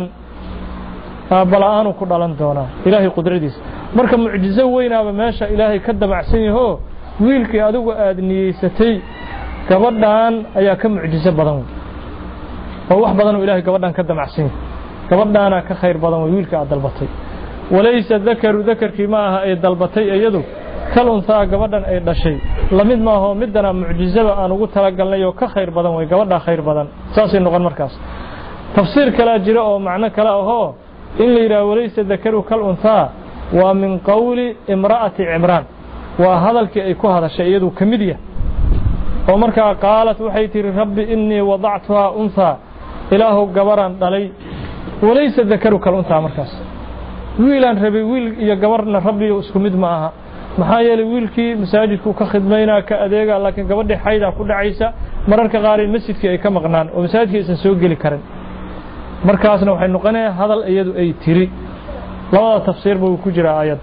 آبالان وكل دلان دونا إلهي قدرديس مركب معجزة وينا بماشا إلهي كدب عسيني هو ويلك أدوغ آدني ستي كبردان أيا كم معجزة بدن ووح بدن إلهي كبردان كدب عسيني كبردانا كخير بدن ويلك أدلبطي وليس الذكر ذكر كماها أي دلبطي أيدو كالأنثى قبضان أي شيء لمد ما هو مدنا معجزة أن قلت تلقى لي كخير بدن وقبضا خير بدن ساسي نقول مركز تفسير كلا جراء ومعنى كلا هو إن لي وليس الذكر كالأنثى ومن قول امرأة عمران وهذا الكيكو هذا الشيء يدو كمدية ومركا قالت وحيتي ربي إني وضعتها أنثى إله قبران علي وليس الذكر كالأنثى مركز ويلان ربي ويل يا قبرنا ربي اسكمد معها maxaa yeelay wiilkii masaajidku ka khidmayna ka adeega laakiin gabadhii xayda ku dhacaysa mararka qaar in masjidkii ay ka maqnaan oo masaajidkii aysan soo gali karin markaasna waxay noqonaysaa hadal iyadu ay tiri labada tafsiir buu ku jira aayad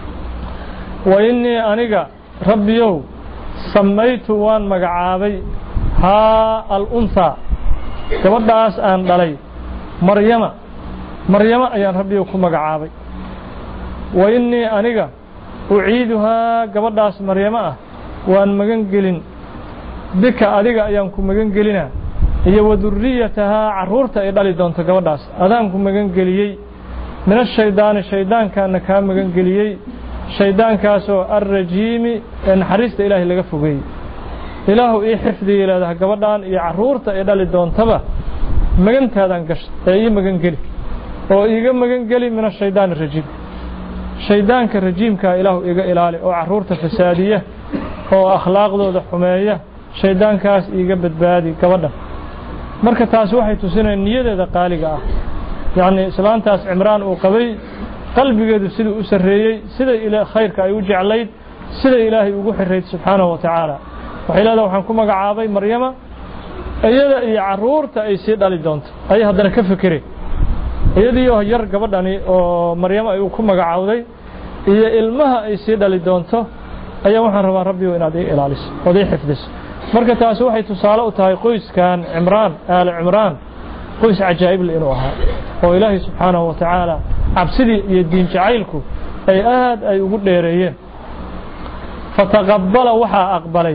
wa inni aniga rabbiyow samaytu waan magacaabay ha al-untha gabadhaas aan dhalay maryama maryama ayaan rabbiyow ku magacaabay wa inni aniga أعيدها قبضاس مريمة وأن مجنجلين بك أديك أيامكم مجنجلنا هي وذريتها عرورتها إدالي دونت قبضاس أدامكم مجنجليي من الشيطان الشيطان كان كان مجنجليي شيطان كاسو الرجيم إن حريست إلهي لقفوقي إله إيه حفظي إلى ذا قبضان إيه عرورتها إدالي دونتبه مجنت هذا انقشت أي مجنجلي وإيه مجنجلي من الشيطان الرجيم shaydaanka rajiimka ilaahu iga ilaali oo caruurta fasaadiya oo akhlaaqdooda xumeeya shaydaankaas iga badbaadi gabadha marka taas waxay tusinayaan niyadeeda qaaliga ah yaani islaantaas Imraan uu qabay qalbigeedu sidoo u sareeyay sida ila khayrka ay u jeclayd sida Ilaahay ugu xirreed subhanahu wa ta'ala waxay leedahay waxaan ku magacaabay Maryama ayada iyo caruurta ay si dhali doonto ay hadana ka fikireen iyadii oo yar gabadhani oo Maryama ay ku magacaawday iyo ilmaha ay si dhali doonto ayaa waxaan rabaa Rabbiyo inaad ii ilaaliso oo ii xifdiso marka taas waxay tusaale u tahay qoyskan Imraan aal Imraan qoys ajaa'ib leh inuu ahaa oo Ilaahay subhanahu wa ta'ala absidii iyo diin jacaylku ay aad ay ugu dheereeyeen fataqabbala waxa aqbalay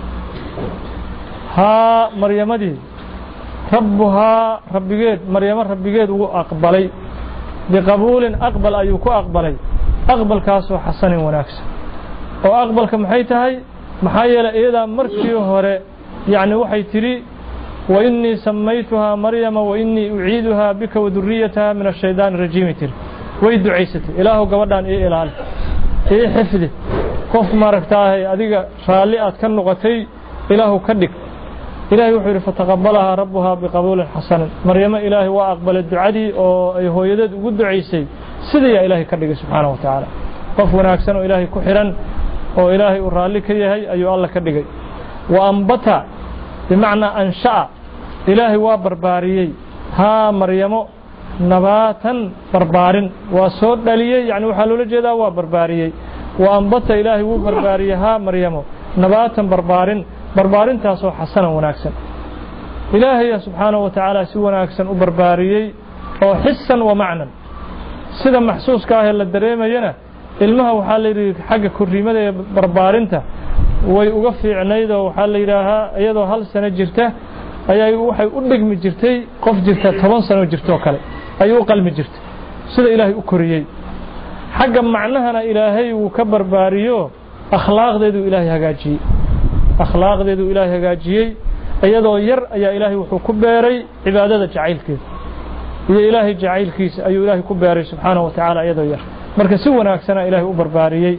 ha Maryamadii rabbuha rabbigeed Maryama rabbigeed uu aqbalay biqabuulin aqbal ayuu ku aqbalay aqbalkaas oo xasan wanaagsan oo aqbalka maxay tahay maxaa yeelay iyada markii hore yaani waxay tiri wa inni samaytuha Maryama wa inni u'iiduha bika wa dhurriyyataha min ash-shaytaan ar-rajiim way ducaysatay ilaahu gabadhan ee ilaali ee xifdi qof maragtaahay adiga raali aad ka noqotay ilaahu ka dhig ilaahay wuxuu yiri fataqabbalaha rabbuha biqabuulin hasan Maryama ilaahay waa aqbalay ducadii oo ay hooyadeed ugu ducaysay sidii ilaahay ka dhigay subhanahu wa ta'ala qof wanaagsan oo ilaahay ku xiran oo ilaahay uu raali ka yahay ayuu Allah ka dhigay wa ambata bimaana ansha ilaahay waa barbaariyay ha Maryamo nabatan barbaarin waa soo dhaliyay yaani waxa loo jeedaa waa barbaariyay wa ambata ilaahay wuu barbaariyay ha Maryamo nabatan barbaarin barbaarintaas oo xasan wanaagsan ilaahay subhanahu wa ta'ala si wanaagsan u barbaariyay oo xissan wa macnan sida maxsuuska ah la dareemayna ilmaha waxa la yiri xagga kuriimada ee barbaarinta way uga fiicnayd oo waxa la yiraahaa iyadoo hal sano jirta ayay waxay u dhigmi jirtay qof jirta toban sano jirto kale ayuu qalmi jirtay sida ilaahay u koriyay xagga macnahana ilaahay uu ka barbaariyo akhlaaqdeedu ilaahay hagaajiyay akhlaaqdeedu ilaahay hagaajiyay iyadoo yar ayaa ilaahay wuxuu ku beeray cibaadada jacaylkeeda iyo ilaahay jacaylkiisa ayuu ilaahay ku beeray subhanahu wa ta'ala iyadoo yar marka si wanaagsan ilaahay u barbaariyay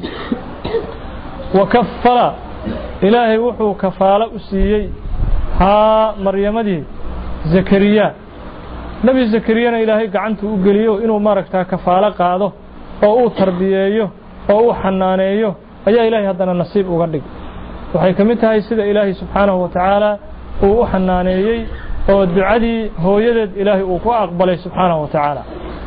wa kaffala ilaahay wuxuu kafaala u siiyay ha Maryamadii Zakariya nabi Zakariyana ilaahay gacanta u galiyo inuu maaragtaa kafaala qaado oo uu tarbiyeeyo oo uu xanaaneeyo ayaa ilaahay hadana nasiib uga dhig waxay kamid tahay sida ilaahay subhanahu wa ta'ala uu u xanaaneeyay oo ducadii hooyadeed ilaahay uu ku aqbalay subhanahu wa ta'ala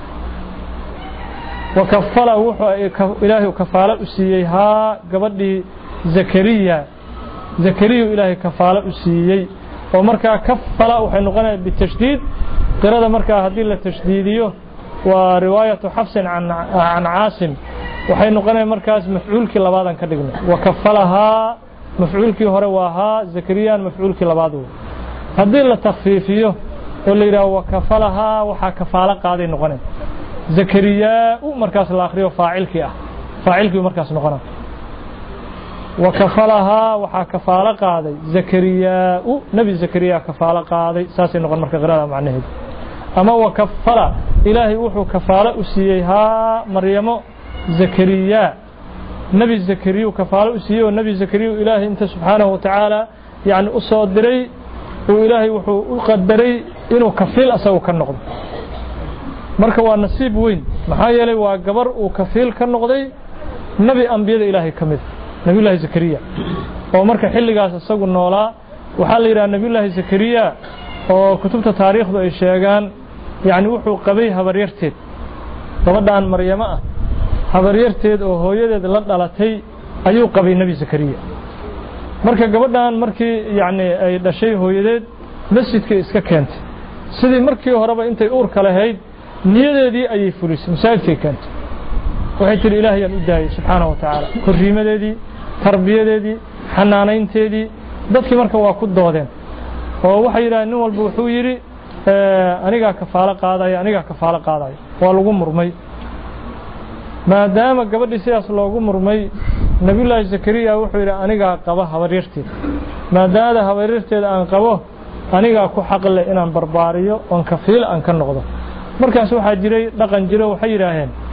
وكفلا وحو إلهي كفالة أسيي ها قبضي زكريا زكريا إلهي كفالة أسيي ومركا كفلا وحي نقنا بالتشديد قرادة مركا هذه التشديدية ورواية حفص عن عن عاصم وحي نقنا مركز مفعول كلا بعضا كدقنا وكفلها مفعول كي هرواها زكريا مفعول كلا بعضه هذه التخفيفية واللي را وكفلها وحا كفالة قاعدة نقنا زكريا ومركز الآخر فاعل كي فاعل كي مركز نقنا وكفلها وحا كفالة قاعدة زكريا نبي زكريا كفالة قاعدة ساسي نقنا مركز غرادة معناه أما وكفل إلهي وحو كفالة أسيها مريم زكريا نبي زكريا كفالة أسيها والنبي زكريا إلهي أنت سبحانه وتعالى يعني أصدري وإلهي وحو أقدري إنه كفيل أسوه كالنقض مركا والنصيب وين محايا لي وقبر وكفيل كالنقضي نبي أنبياء إلهي كمث نبي الله زكريا ومركا حلي قاس أسوه النولا وحال إلى نبي الله زكريا وكتبت تاريخ ذو الشيغان يعني وحو قبي هبريرتيد gabadhan Maryama ah habaryarteed oo hooyadeed la dhalatay ayuu qabay nabi Zakariya marka gabadhan markii yaani ay dhashay hooyadeed masjidka iska keentay sidii markii horeba intay uur kala hayd niyadeedii ayay fulisay masaajidka keentay waxay tiri Ilaahay aan u daayay subhanahu wa ta'ala koriimadeedii tarbiyadeedii xanaanaynteedii dadkii marka waa ku doodeen oo waxay yiraahdeen nin walba wuxuu yiri aniga kafaala qaadayo aniga kafaala qaadayo waa lagu murmay maadaama gabadhii sidaas loogu murmay nabi ilaahay Zakariya wuxuu yiri aniga qaba habaryarteed maadaama habaryarteed aan qabo aniga ku xaq leh inaan barbaariyo oo kafiil aan ka noqdo markaas waxa jiray dhaqan jiro waxay yiraahdeen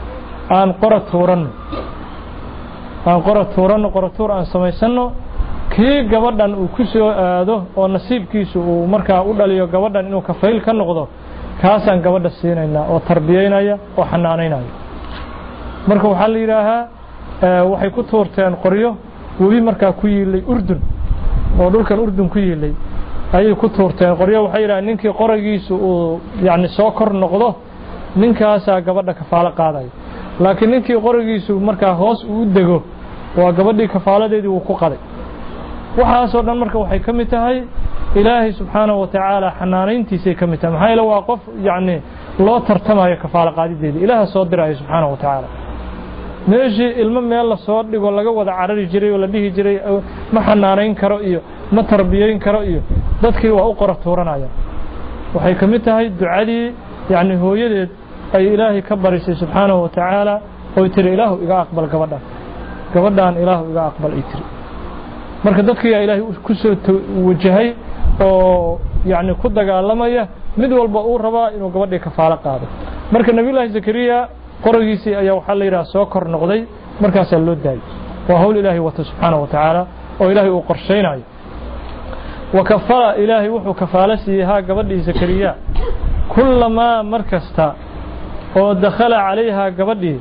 aan qora tuuran aan qora tuuran qora tuur aan samaysano kii gabadhan uu ku soo aado oo nasiibkiisu uu markaa u dhaliyo gabadhan inuu kafayl ka noqdo kaasaan gabadha siinayna oo tarbiyeynaya oo xanaanaynaya marka waxa la yiraahaa waxay ku tuurteen qoryo webi markaa ku yiilay Urdun oo dhulkan Urdun ku yiilay ayay ku tuurteen qoryo waxay yiraahdeen ninkii qoragiisu uu yaani soo kor noqdo ninkaas gabadha kafaalo qaaday laakiin ninkii qoragiisu markaa hoos u dego waa gabadhii kafaaladeedii uu ku qaday waxaas oo dhan marka waxay kamid tahay ilaahay subhanahu wa ta'ala xanaanayntiisa kamid tahay maxay la waa qof yaani loo tartamayo kafaalo qaadideedii ilaaha soo diray subhanahu wa ta'ala meeshii ilmo meel la soo dhigo laga wada carari jiray oo la dhihi jiray ma xanaanayn karo iyo ma tarbiyeyn karo iyo dadkii waa u qora tuuranayaan waxay kamid tahay ducadii yaani hooyadeed ay ilaahay ka barisay subhanahu wa ta'ala oo tiri ilaahu iga aqbal gabadhan gabadhan ilaahu iga aqbal ay tiri marka dadkii ilaahay ku soo wajahay oo yaani ku dagaalamaya mid walba uu rabaa inuu gabadhii kafaalo qaado marka nabi ilaahay zakariya qorigiisii ayaa waxa la yiraahdaa soo kor noqday markaas loo daayay waa hawl ilaahay wa subhanahu wa ta'ala oo ilaahay uu qorsheynayo wa kafara ilaahay wuxuu kafaalo siiyay gabadhii zakariya kullama markasta oo dakhala calayha gabadhii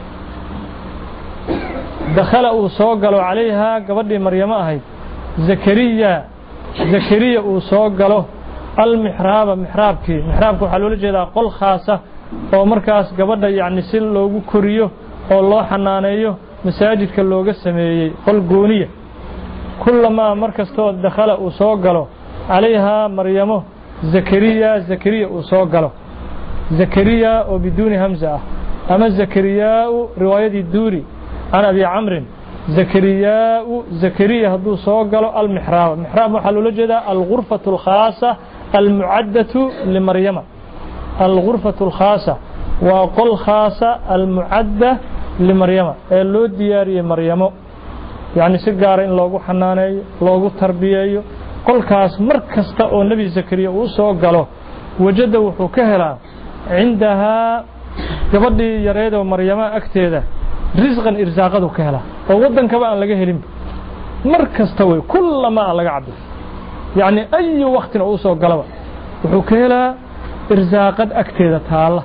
dakhala uu soo galo calayha gabadhii maryama ahayd zakariya zakariya uu soo galo al mihraba mihrabkii mihrabku waxa loo jeedaa qol khaasa oo markaas gabadha yaani si loogu koriyo oo loo xanaaneeyo masaajidka looga sameeyay qol gooniya kullama markastoo dakhala uu soo galo calayha maryamo zakariya zakariya uu soo galo zakariya oo biduuni hamza ama zakariya riwaayadii duuri ana abi amr zakariya zakariya haduu soo galo al mihrab mihrab waxa loo jeedaa al ghurfatu al khassa al mu'addatu li maryama الغرفة الخاصة وقل خاصة المعدة لمريم اللو دياري مريم يعني سيجار إن لوجو حناني لوجو تربية قل خاص مركز تأو النبي زكريا وسوق قاله وجده وحكهلا عندها قبل يريد ومريم أكتيده رزقا إرزاقه كهلا وودن كمان لقيه لم مركز توي كل ما لقى عبد يعني أي وقت وسوق قاله وحكهلا irsaaqad agteeda taala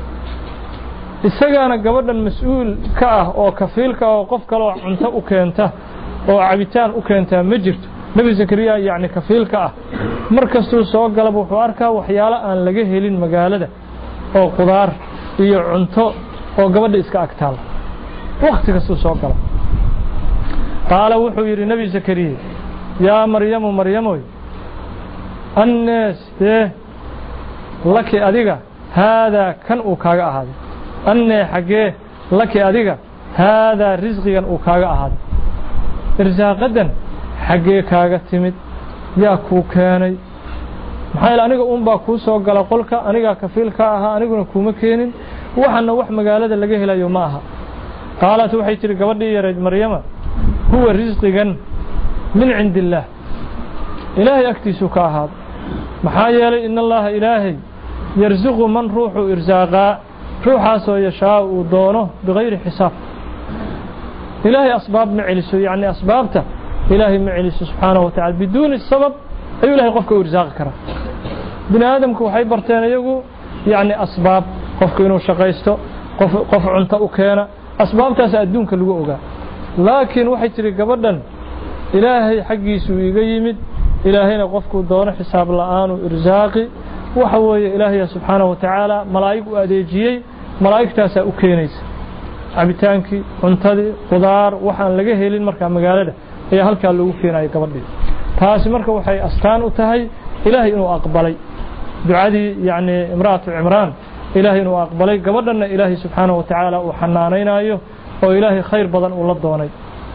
isagaana gabadhan mas'uul ka ah oo kafiilka oo qof kale oo cunto u keenta oo cabitaan u keenta ma jirto nabi zakariya yaani kafiilka ah markastuu soo galab wuxuu arkaa waxyaalo aan laga helin magaalada oo qudaar iyo cunto oo gabadha iska agtaala waqtigaas soo gala qaala wuxuu yiri nabi zakariya yaa maryamu maryamoy annas لك أديك هذا كان أوكاغا أحد أن حقه لك أديك هذا رزقا أوكاغا أحد إرزاقا حقه كاغا تمد يا كوكاني محايل أنيقا أمبا كوسو قال قولك أنيقا كفيلك أها أنيقا كومكين وحنا وح مقالة لقيه لا يوماها قالت وحي تلك ودي يا رجل مريم هو رزقا من عند الله إلهي أكتسوك أحد محايل إن الله إلهي يرزق من روحه إرزاقا روحه سو يشاء ودونه بغير حساب إلهي أسباب معلسه يعني أسبابته إلهي معلسه سبحانه وتعالى بدون السبب أي إلهي قفك إرزاق كرا بني آدم كو حيبرتين يقول يعني أسباب قفك إنه شقيسته قف, قف عنته أكينا أسباب تسأدونك اللقوء لكن وحي تريق قبدا إلهي حقي سوي قيمد إلهينا قفك دون حساب الآن وإرزاقي وحوي إلهي سبحانه وتعالى ملائكة أديجيي ملائكة تاسا أكينيس عبتانكي عنتدي قدار وحان لقيه هيلين مركا مقالة هي هلكا اللي وفينا يكبردي تاسي مركا وحي أستان أتهي إلهي إنو أقبلي دعادي يعني امرأة عمران إلهي إنو أقبلي قبردنا إلهي سبحانه وتعالى وحنانينا أيه وإلهي خير بضن ولدوني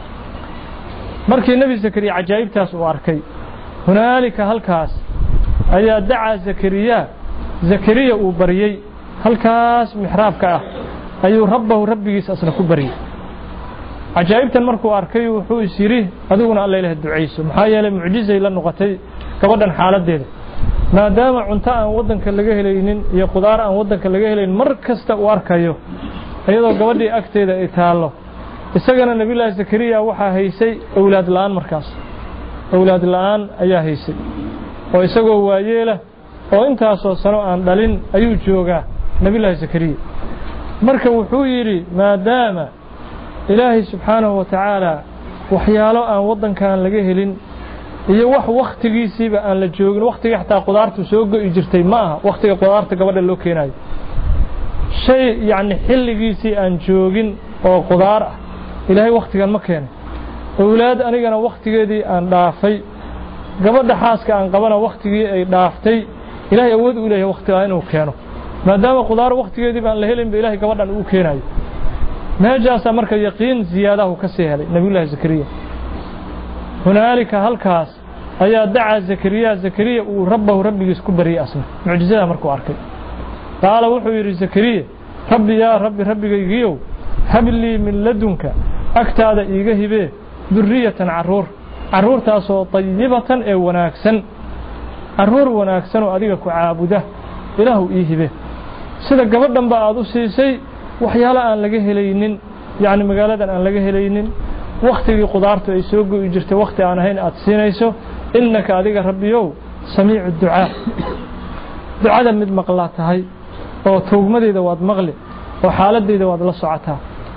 مركي النبي زكريا عجائب تاس واركي هنالك هلكاس أي دعا زكريا زكريا وبريي هلكاس محراب كأه أي ربه ربي أصلا كبري عجائب تنمركو أركي وحو يسيريه أدونا الله إله الدعيس محايا لمعجزة إلى النقطي كبدا حالات ديده ما دام عنتا أن ودن كاللقيه لينين يا قدار أن ودن كاللقيه لين مركز تأواركيو iyadoo gabadhii agteeda ay taalo isagana nabiyullaahi zakariya waxa haysay awlaad la'aan markaas awlaad la'aan ayaa haysay oo isagoo waayeela oo intaas oo sano aan dhalin ayuu joogaa nabiyullaahi zakariya marka wuxuu yiri maadaama ilaahi subhanahu wa ta'ala waxyaalo aan wadankan laga helin iyo wax waqtigiisiiba aan la joogin waqtiga xataa qudaartu soo go'i jirtay ma aha waqtiga qudaarta gabadha loo keenayo shay yaani xilligiisii aan joogin oo qudaar ah ilaahay waqtigan ma keenay awlaad anigana waqtigeedii aan dhaafay gabadha xaaska aan qabana waqtigii ay dhaaftay ilaahay awood u leeyahay waqtiga inuu keeno maadaama qudaar waqtigeedii baan la helin ilaahay gabadhan uu keenayo meejaas marka yaqiin ziyaadahu ka sii helay nabiyullaahi zakariya hunaalika halkaas ayaa dacaa zakariya zakariya uu rabbahu rabbigiis ku bariyay asna mucjizada markuu arkay qaala wuxuu yiri zakariya rabbi yaa rabbi rabbigaygiyow habli min ladunka agtaada iiga hibee durriyatan caruur caruurtaasoo tayyibatan ee wanaagsan caruur wanaagsan oo adiga ku caabuda ilaahu ii hibe sida gabadhan ba aad u siisay waxyaalo aan laga helaynin yaani magaaladan aan laga helaynin waqtigii qudaartu ay soo go'i jirtay waqti aan ahayn aad siinayso innaka adiga rabbiyow samiicu ducaa ducada mid maqlaa tahay oo toogmadeeda waad maqli oo xaaladeeda waad la socotaa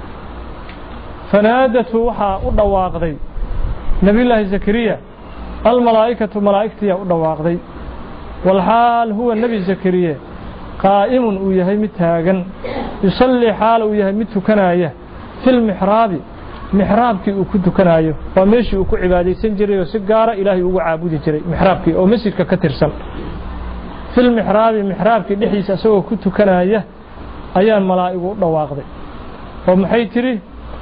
fanaadatu waxa u dhawaaqday nabiyullaahi zakariya al malaa'ikatu malaa'iktiya u dhawaaqday wal haal huwa nabi zakariya qaa'imun uu yahay mid taagan yusalli xaal uu yahay mid tukanaya fil mihraabi mihraabkii uu ku tukanayo waa meeshii uu ku cibaadeysan jiray oo si gaar ah ilaahay ugu caabudi jiray mihraabkii oo masjidka ka tirsan fil mihraabi mihraabkii dhixdiisa asagoo ku tukanaya ayaan malaa'igu u dhawaaqday oo maxay tiri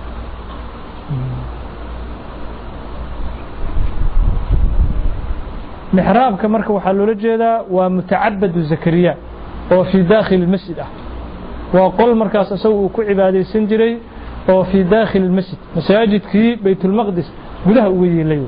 mihraabka marka waxa loo jeedaa waa mutacabbadu zakariya oo fi daakhil masjid ah waa qol markaas asagoo uu ku cibaadeysan jiray oo fi daakhil masjid masaajidkii baytul maqdis gudaha uga yeelay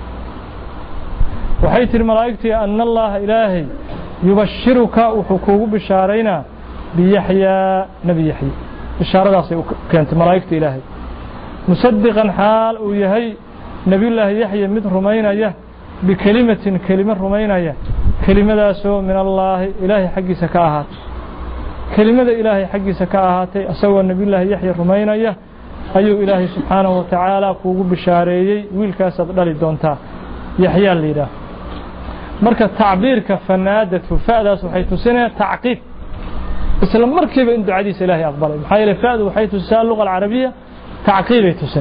waxay tiri malaa'igtii anna allah ilaahi yubashiruka wuxuu kuugu bishaarayna bi yahya nabi yahya bishaaradaas ay keentay malaa'igtii ilaahi musaddiqan xaal uu yahay nabiyullaahi yahya mid rumaynaya bikalimatin kalima rumaynaya kelimadaasoo min allah ilaahi xaqiisa ka ahaatay kelimada ilaahi xaqiisa ka ahaatay asagoo nabiyullaahi yahya rumaynaya ayuu ilaahi subhanahu wa ta'ala kuugu bishaareeyay wiilkaas aad dhali doontaa yahya liida marka tacbiirka fanaadatu faadaas waxay tusinaysaa tacqiib isla markiiba in ducadiisa ilaahi aqbalay maxaa yeelay faadu waxay tusinaysaa luqada carabiga tacqiib ay tusin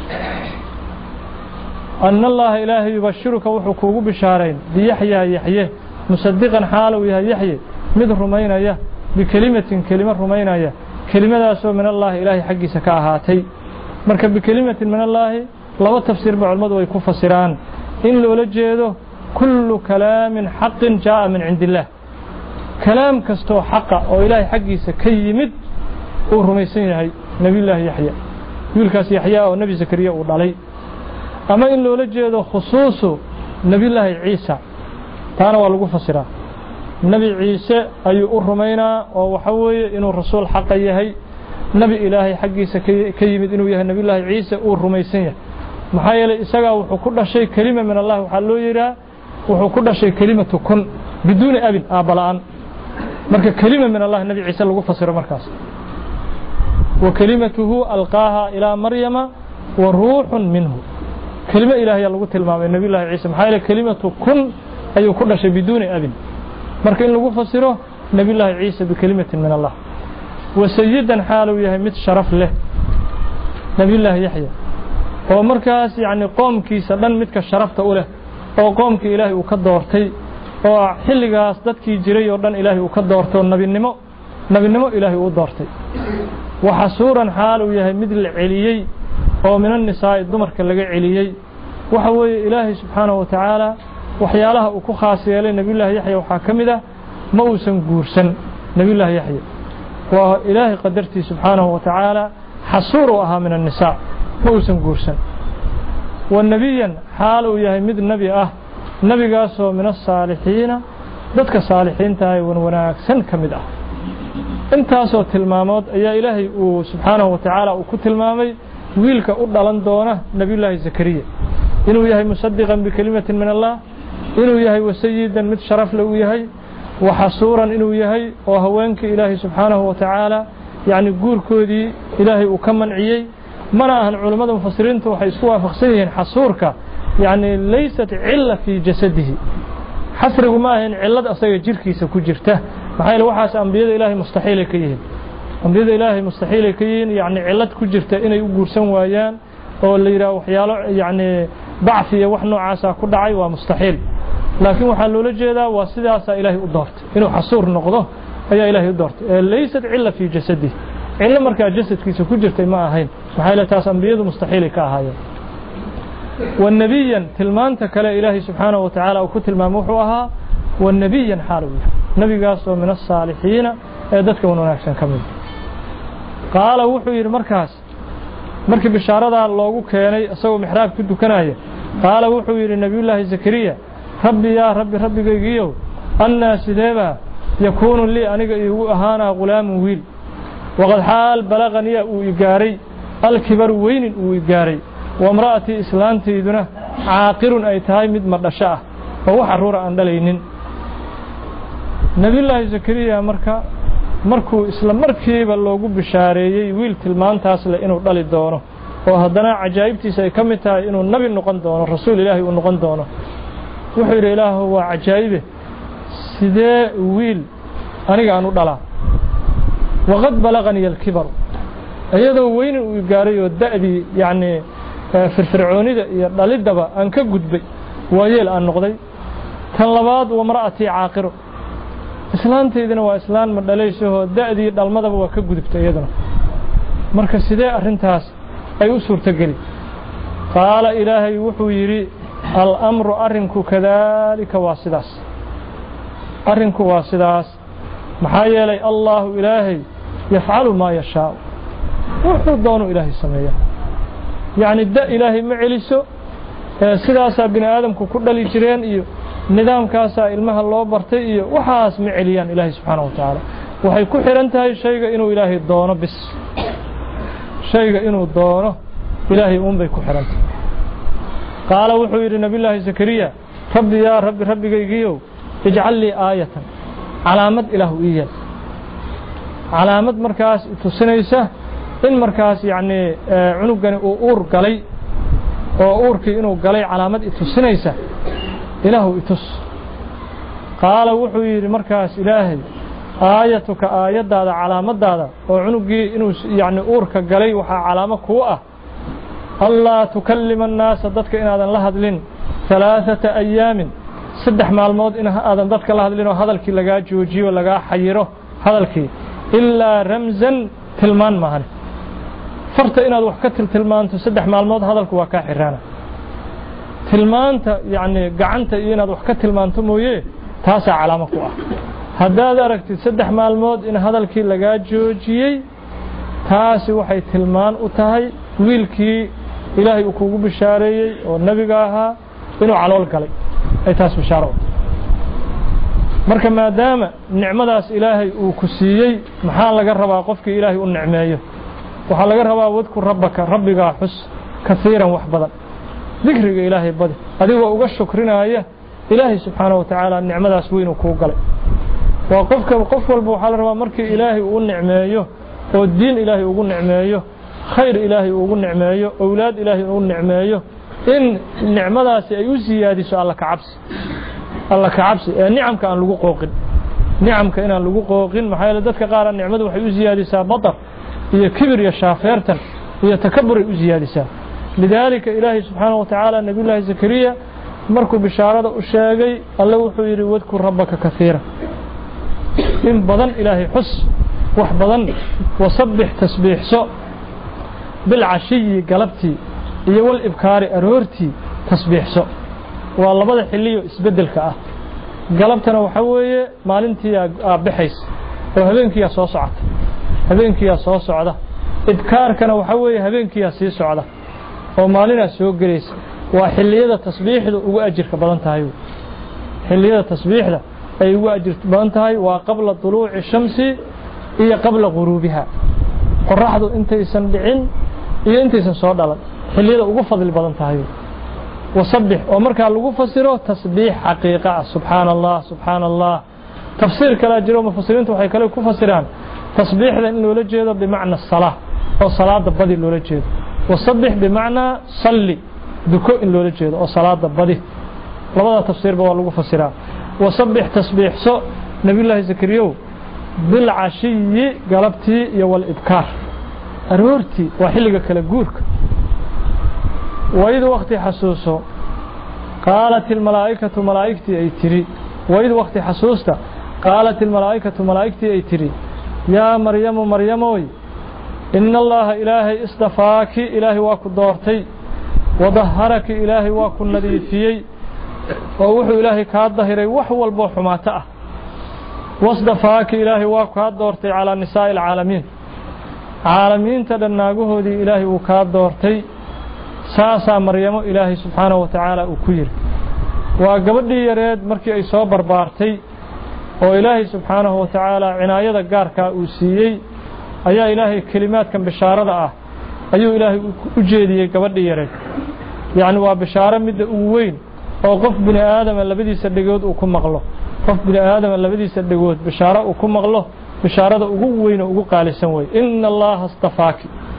anna allah ilaahi yubashiruka wuxuu kuugu bishaarayn bi yahya yahya musaddiqan xaal uu yahay yahya mid rumaynaya bikalimatin kalima rumaynaya kelimadaasoo min allah ilaahi xaqiisa ka ahaatay marka bikalimatin min allah laba tafsiir ba culimadu way ku fasiraan in loola jeedo kullu kalaamin haqqin jaa min indillah kalaam kasto xaqa oo ilaahi xaqiisa ka yimid uu rumaysan yahay nabiyullaahi yahya wiilkaas yahya oo nabi zakariya uu dhalay ama in loola jeedo khusuusu nabiyullaahi ciisa taana waa lagu fasiraa nabi ciise ayuu u rumaynaa oo waxa weeye inuu rasuul xaq yahay nabi ilaahay xaqiisa ka yimid inuu yahay nabiyullaahi ciise uu rumaysan yahay maxaa yeelay isaga wuxuu ku dhashay kalima min allah waxa loo yiraa wuxuu ku dhashay kalimatu kun biduuni abin abalaan marka kalima min allah nabi ciise lagu fasiro markaas wa kalimatuhu alqaaha ila maryama wa ruuhun minhu kalima ilaahay lagu tilmaamay nabiyullaahi ciise maxaa yeelay kalimatu kun ayuu ku dhashay biduuni abin marka in lagu fasiro nabiyullaahi ciise bikalimatin min allah wa sayyidan xaalu yahay mid sharaf leh nabiyullaahi yahya oo markaas yaani qoomkiisa dhan midka sharafta u leh oo qoomkii ilaahay uu ka doortay oo xilligaas dadkii jiray oo dhan ilaahay uu ka doorto nabinimo nabinimo ilaahay uu doortay waxa suuran xaalu yahay mid la celiyay oo min an-nisaa dumarka laga celiyay waxa weeye ilaahay subhanahu wa ta'ala waxyaalaha uu ku khaas yeelay nabiyullaahi yahya waxa kamida ma uusan guursan nabiyullaahi yahya waa ilaahay qadartii subhanahu wa ta'ala xasuuru aha min an-nisaa ma uusan guursan wa nabiyan xaal uu yahay mid nabi ah nabigaasoo min as-saalihiina dadka saalihiinta ay wanaagsan kamid ah intaasoo tilmaamood ayaa ilaahay uu subxaanahu wa tacaala uu ku tilmaamay wiilka u dhalan doona nabiyullaahi zakariya inuu yahay musadiqan bikalimatin min allah inuu yahay wasayidan mid sharaf leh uu yahay waxasuuran inuu yahay oo haweenkii ilaahay subxaanahu wa tacaala yacni guurkoodii ilaahay uu ka manciyey mana ahan culimmada mufasiriintu waxay isku waafaqsan yihiin xasuurka yacni laysat cilla fii jasadihi xasrigu ma ahayn cillad asaga jirkiisa ku jirta maxaa yeele waxaas ambiyada ilaahay mustaxiilay ka yihiin ambiyada ilaahay mustaxiilay ka yihiin yacni cillad ku jirta inay u guursan waayaan oo la yidhaha waxyaalo yacni dacfi iyo wax noocaasa ku dhacay waa mustaxiil laakiin waxaa loola jeedaa waa sidaasaa ilaahay u doortay inuu xasuur noqdo ayaa ilaahay u doortay ee laysat cilla fii jasadihi cillo markaa jasadkiisa ku jirtay ma ahayn maxaa yeele taas ambiyadu mustaxiilay ka ahaayeen والنبيا تلمانت كلا إلهي سبحانه وتعالى وكتل ما موحوها والنبيا حالوية نبي قاسوا من الصالحين ايدتك ونناكسا كمل قال وحوي المركز مركب الشارة الله كياني أسوى محراب كدو كناية قال وحوي النبي الله زكريا ربي يا ربي ربي قيقيو أنا سديبا يكون لي أنك أهانا غلام ويل وقد حال بلغني ويقاري الكبر وين ويقاري وامرأتي إسلامتي دونه عاقر أي تهاي مد مردشاء وهو حرورة عند لينين نبي الله زكريا مركا مركو إسلام مركي بلوغو بشاريي ويل تلمان تاسل إنو دالي دونه وهدنا عجائبتي سيكمتها إنو النبي نقن دونه رسول الله ونقن دونه وحير إله هو عجائبه سيدي ويل أنيق عنو دالا وقد بلغني الكبر أيضا وين ويقاري والدأبي يعني firfircoonida iyo dhalidaba aan ka gudbay waayeel aan noqday tan labaad waa mar'ati caaqiro islaanteedina waa islaan ma dhalayso da'dii dhalmadaba waa ka gudubtay iyadana marka sidee arintaas ay u suurtageli qaala ilaahay wuxuu yiri al-amru arinku kadalika waa sidaas arinku waa sidaas maxaa yeelay allah ilaahay yafcalu ma yashaa wuxuu doono ilaahay sameeyaa يعني الداء إلهي معلسو سداسا بني آدم كل الجيران إيو نظام كاسا المها الله برتي إيو وحاس معليان إلهي سبحانه وتعالى وحي كحرنتها شيء إنه إلهي الدونه بس شيء إنه الدونه إلهي أم بي كحرنته قال وحوير نبي الله زكريا ربي يا ربي ربي قيقيو اجعل لي آية علامة إله إياه علامة مركز تسنيسه in markaas yaani cunugani uu uur galay oo uurkii inuu galay calaamad itusinaysa ilaahu itus qaala wuxuu yiri markaas ilaahay aayatuka aayadaada calaamadaada oo cunugii inuu yaani uurka galay waxa calaamad ku ah allah tukallima an-naas dadka inaadan la hadlin thalathata ayaamin saddex maalmood in aadan dadka la hadlin oo hadalkii laga joojiyo laga xayiro hadalkii illa ramzan tilmaan maahan فرت إن هذا وحكت تلمان تصدق مع الموت هذا الكوا كحرانة تلمان يعني قعنت إن هذا وحكت تلمان تمويه تاسع علامة قوة هذا درك تصدق مع الموت إن هذا الكي لقى جوجي تاسع وحي تلمان وتهي ويلكي إلهي أكوب بشاري والنبي قاها إنه على الكلي أي تاس بشارة مركب ما دام نعمة داس إلهي وكسيي محل جرب قفك إلهي والنعمية waxaa laga rabaa wadku rabbaka rabbiga xus kaseeran wax badan dhikriga ilaahay badi adigoo uga shukrinaya ilaahay subhanahu wa ta'ala nicmadaas weyn uu ku galay waa qofka qof walba waxa la rabaa markii ilaahay uu nicmeeyo oo diin ilaahay ugu nicmeeyo khayr ilaahay ugu nicmeeyo awlaad ilaahay ugu nicmeeyo in nicmadaas ay u siyaadiso alla ka cabsi alla ka cabsi ee nicamka aan lagu qooqin nicamka in aan lagu qooqin maxaa yeelay dadka qaar nicmadu waxay u siyaadisaa badar هي كبر يا شافيرتن هي تكبر وزيادة لذلك إلهي سبحانه وتعالى نبي الله زكريا مركو بشارة أشاقي الله وحير واذكر ربك كثيرا إن بضن إلهي حس وحبضن وصبح تسبيح سوء بالعشي قلبتي إيو الإبكار أرورتي تسبيح سوء والله بضح اللي اسبدل كأه قلبتنا وحوية مالنتي بحيس وهذينك يا صوصعت habeenkii yaa soo socda idkaarkana waxa weeye habeenkii yaa sii socda oo maalina soo gareeyay waa xilliyada tasbiixdu ugu ajirka badan tahay xilliyada tasbiixda ay ugu ajirka badan tahay waa qabla tuluuci shamsi إيا قبل غروبها قرحض انت يسن دعين إيا انت يسن صور دلن حلية وقفض البضن تهيو وصبح ومركا لغو فسره تسبيح حقيقة سبحان الله سبحان الله تفسير كلا جرو مفسرين وحي كلا كفسران تصبيح لأنه لجيده بمعنى الصلاة أو صلاة بدي لو لجيده وصبح بمعنى صلي دكو إن لو لجيده أو صلاة بدي لبدا تفسير بوا لغو فسران وصبح تسبيح سو نبي الله زكريو بالعشي قلبتي يو الإبكار أرورتي وحلقة كلا جورك وإذ وقت حسوسه قالت الملائكة ملائكتي أي تري وإذ وقت حسوسته قالت الملائكة ملائكتي أي تري يا مريم مريموي إن الله إلهي اصطفاك إلهي واكو دورتي وظهرك إلهي واكو نذيفيي ووحو إلهي كاد ظهري وحو البوح ما تأه واصطفاك إلهي واكو كاد دورتي على نساء العالمين عالمين تدناقوه دي إلهي وكاد دورتي ساسا مريم إلهي سبحانه وتعالى وكير وقبضي يريد مركي أي صبر بارتي وإلهي سبحانه وتعالى عناية قاركا أوسيي أيا إلهي كلمات كان بشارة آه أيو إلهي أجيدي قبضي يريد يعني وبشارة مد أوين وقف بني آدم اللي بدي يصدقود وكم مغلو قف بني آدم اللي بدي يصدقود بشارة وكم مغلو بشارة أوين وقو قال سنوي إن الله اصطفاك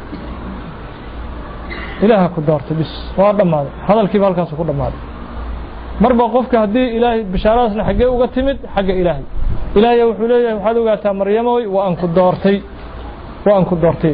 إلهك كدارت بس وهذا ما هذا الكبار كان سكون ما مربى قفك هدي إلهي بشاراتنا حقه وقتمد حق إلهي إلهي وحليه وحدوا قاتا مريم وأن كدارتي وأن كدارتي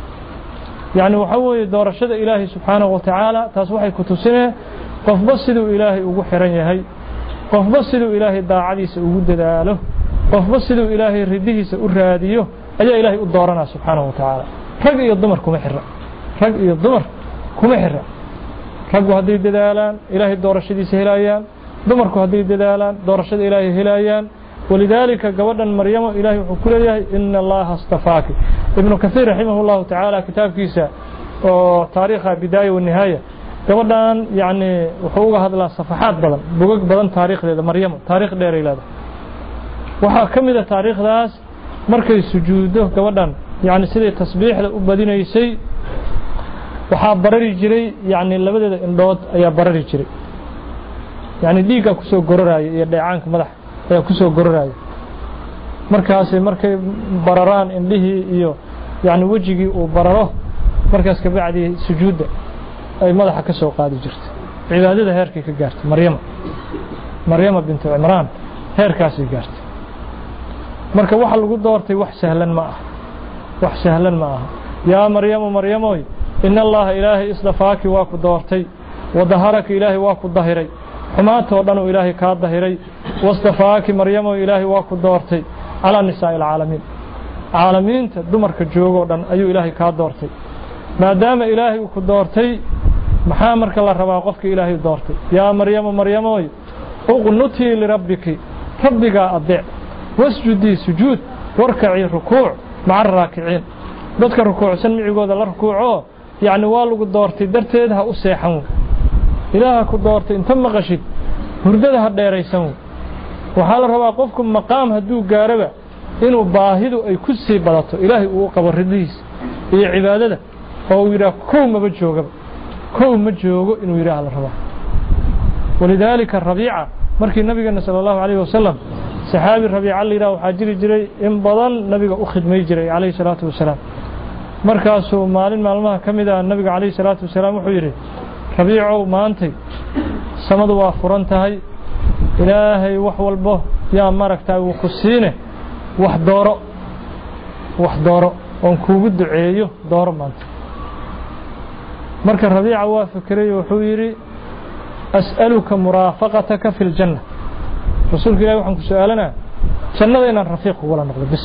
يعني وحوي دار الشد إلهي سبحانه وتعالى تصبحي كتسنه قف بصدوا إلهي وحرن يهي قف بصدوا إلهي داعديس وجود له قف بصدوا إلهي رديه سأراديه أجا إلهي أدارنا سبحانه وتعالى رجع يضمركم حرة رجع يضمر كم حرة رجوا هذه الدلالان إلهي دور الشدي سهلايان دمركوا هذه الدلالان دور الشدي إلهي هلايان ولذلك قولنا مريم إلهي وكله إن الله اصطفاك ابن كثير رحمه الله تعالى كتاب كيسا وتاريخ بداية والنهاية قولنا يعني وحوق هذا الصفحات بدن بوق بدن تاريخ لهذا مريم تاريخ دير إلى هذا وحكم إذا تاريخ ذاس مركز سجوده قولنا يعني سيد تصبيح لأبدين يسي waxaa barari jiray yani labadeeda indhood ayaa barari jiray yani dhiiga ku soo gororaayo iyo dheecaanka madax ayaa ku soo gororaayo markaas markay bararaan indhihii iyo yani wajigii uu bararo markaas ka bacdi sujuuda ay madaxa ka soo qaadi jirtay cibaadada heerkii ka gaartay maryam maryam bint imran heerkaas ay gaartay marka waxa lagu doortay wax sahlan ma ah wax sahlan ma ah ya maryam maryamoy إن الله إلهي إصطفاك واكو دورتي وظهرك إلهي واكو ظهري حماته ودنو إلهي كاد ظهري واصطفاك مريم إلهي واكو دورتي على نساء العالمين عالمين دمرك جوغو دن أيو إلهي كاد دورتي ما دام إلهي واكو دورتي محامرك الله ربا قفك إلهي دورتي يا مريم مريم اغنتي لربك ربك أضع واسجدي سجود واركعي ركوع مع الراكعين dadka rukuucsan micigooda la rukuuco يعني والو دورتي درتيد ها أسيحون إلها كدورتي انت مغشد هرددها ديريسون وحال ربا قفكم مقام هدو قاربا إنو باهدو أي كسي بلطو إلهي وقبر رديس إي عبادة هو يرى كو مبجوغ كو مبجوغ إنو يرى على الربا ولذلك الربيعة مركي النبي صلى الله عليه وسلم صحابي الربيعة اللي راو حاجري جري إن بضل نبي أخذ ميجري عليه الصلاة والسلام markaasuu maalin maalmaha ka mid ah nabiga kaleey salaatu wasalaam wuxuu yiri rabiico maantay samadu waa furan tahay ilaahay wax walbo yaa maragtaa uu ku siine wax dooro wax dooro oo kuugu duceeyo dooro maanta marka rabiica waa fikiray wuxuu yiri as'aluka murafaqataka fil janna rasuulka ilaahay waxaan ku su'aalanaa jannada inaan rafiiq wala noqdo bis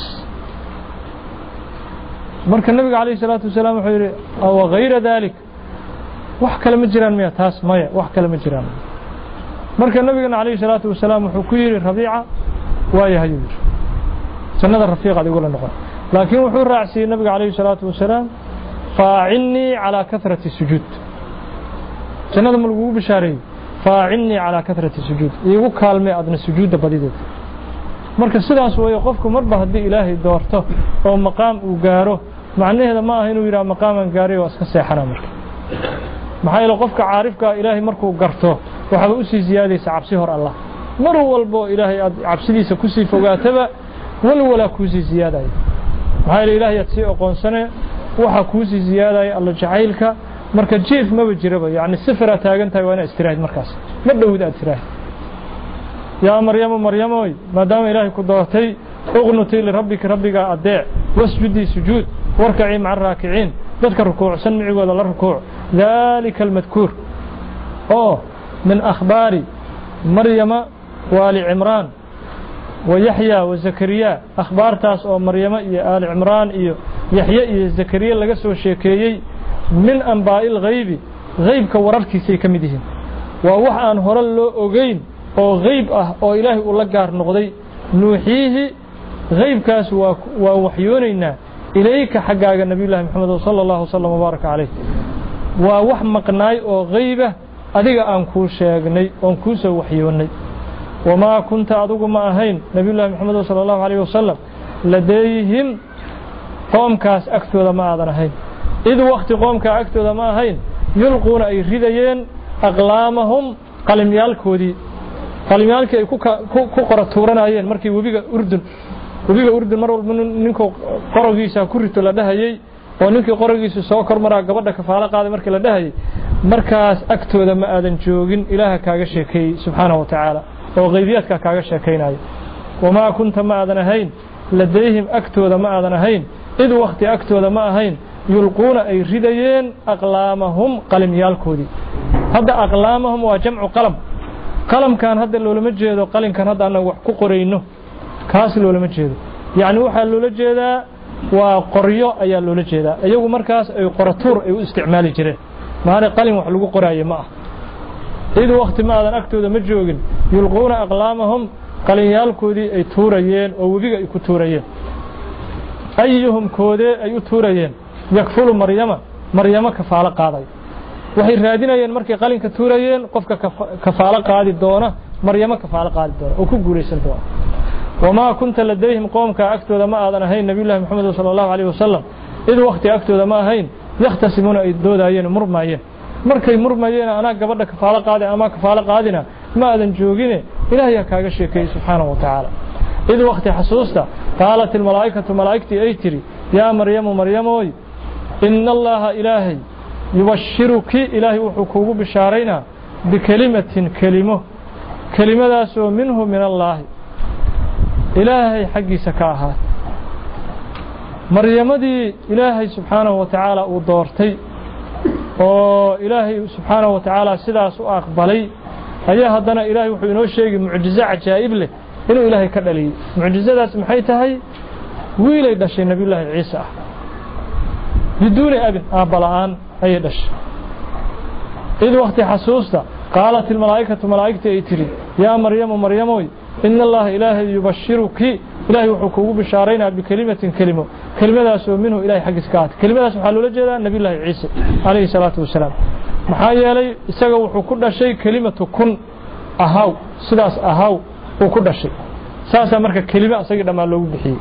marka nabiga kaleey salaatu wasalaam wuxuu yiri aw ghayra dalik wax kale ma jiraan miya taas maya wax kale ma jiraan marka nabiga kaleey salaatu wasalaam wuxuu ku yiri rabiica waa yahay jannada rafiiq adigu la noqon laakiin wuxuu raacsiiyay nabiga kaleey salaatu wasalaam fa'inni ala kathrati sujud jannada ma lagu bishaaray fa'inni ala kathrati sujud igu kaalmay adna sujuuda badideed marka sidaas way qofku marba hadii ilaahay doorto oo maqaam uu gaaro macnaheedu ma aha inuu yiraahdo maqaaman gaaray oo iska seexana marka maxay la qofka caarifka ilaahay markuu garto waxa uu sii ziyaadaysa cabsi hor Allah mar walbo ilaahay cabsidiisa ku sii fogaataba wal wala ku sii ziyaaday maxay ilaahay si aqoonsane waxa ku sii ziyaaday Allah jacaylka marka jiif ma jiraba yaani sifra taagan tahay waa istiraahad markaas ma dhawid aad tiraahdo يا مريم مريم ما دام إلهي كدوتي اغنتي لربك ربك أدع واسجدي سجود واركعي مع الراكعين تذكر ركوع سمعي ولا الركوع ذلك المذكور أوه من أخبار مريم وآل عمران ويحيى وزكريا أخبار تاس أو مريم يا آل عمران يحيى زكريا لقسوا الشيكيي من أنباء الغيب غيب كورركي سيكمدهم ووحان هرلو أغين oo غيب ah oo ilaahay uu la gaar noqday nuuxihi غيبkaas waa waa waxyoonayna ilayka xagaaga nabiyullaahi maxamed sallallahu alayhi wasallam baraka alayhi waa wax maqnaay oo غيبah adiga aan ku sheegnay oo ku soo waxyoonay wama kunta adigu ma ahayn nabiyullaahi maxamed sallallahu alayhi wasallam ladayhim qoomkaas agtooda ma aadan ahayn id waqti qoomka agtooda ma ahayn yulquna ay ridayeen aqlaamahum qalimyaalkoodii qalimyaalkii ay ku ku qoratuuranayeen markii wabiga urdun wabiga urdun mar walba ninkoo qorogiisa ku rito la dhahayay oo ninkii qorogiisa soo kormaraa gabadha kafaala qaaday markii la dhahayay markaas agtooda ma aadan joogin ilaaha kaaga sheekay subhanahu wa ta'ala oo qaybiyadka kaaga sheekaynayo wama kunta ma aadan ahayn ladayhim agtooda ma aadan ahayn id waqti agtooda ma ahayn yulquna ay ridayeen aqlaamahum qalimyaalkoodii hadda aqlaamahum waa jamcu qalam قلم كان هذا اللي لما جيده قلم كان هذا أنا وحكو قرينه كاس اللي لما جيده يعني واحد اللي جيده وقرية أي اللي جيده أيوه مركز أي قرطور أي استعمال جريه ما هذا قلم وحلو قراية معه إذا وقت ما هذا أكتو ذا مجوجن يلقون أقلامهم قلم يالكودي أي توريين أو بيجا يكتوريين أيهم كودي أي توريين يكفلوا مريم مريم كفالة قاضي waxay raadinayeen markay qalinka tuurayeen qofka kafaala qaadi doona maryama kafaala qaadi doona oo ku guuleysan doona wama kunta ladayhim qoomka agtooda ma aadan ahayn nabiyullaahi maxamed sallallahu alayhi wasallam id waqti agtooda ma ahayn yaxtasimuna ay doodayeen murmayeen markay murmayeen ana gabadha kafaala qaadi ama kafaala qaadina ma aadan joogine ilaahay kaaga sheekay subhanahu wa ta'ala id waqti xasuusta qaalat al malaa'ikatu malaa'ikti ay tiri ya maryamu maryamoy inna allaha ilaahi يبشرك إلهي وحكوه بشارينا بكلمة كلمة كلمة داسو منه من الله إلهي حقي سكاها مريم دي إلهي سبحانه وتعالى ودورتي وإلهي سبحانه وتعالى سداس أقبلي أيها هدنا إلهي وحينو شيء معجزة عجائب له إنه إلهي كدلي معجزة داس محيتها ويلي داشي نبي الله عيسى بدون أبن أبلان أي دش إذ وقت حسوسته قالت الملائكة ملائكة إتري يا مريم مريم إن الله إلهي يبشرك إلهي وحكوه بشارينا بكلمة كلمة كلمة داسو منه إلهي حق سكات كلمة داسو حلو لجلا نبي الله عيسى عليه الصلاة والسلام محايا لي إساق وحكونا شيء كلمة كن أهاو سلاس أهاو وكنا شيء ساسا مركا كلمة أساق لما لو بحي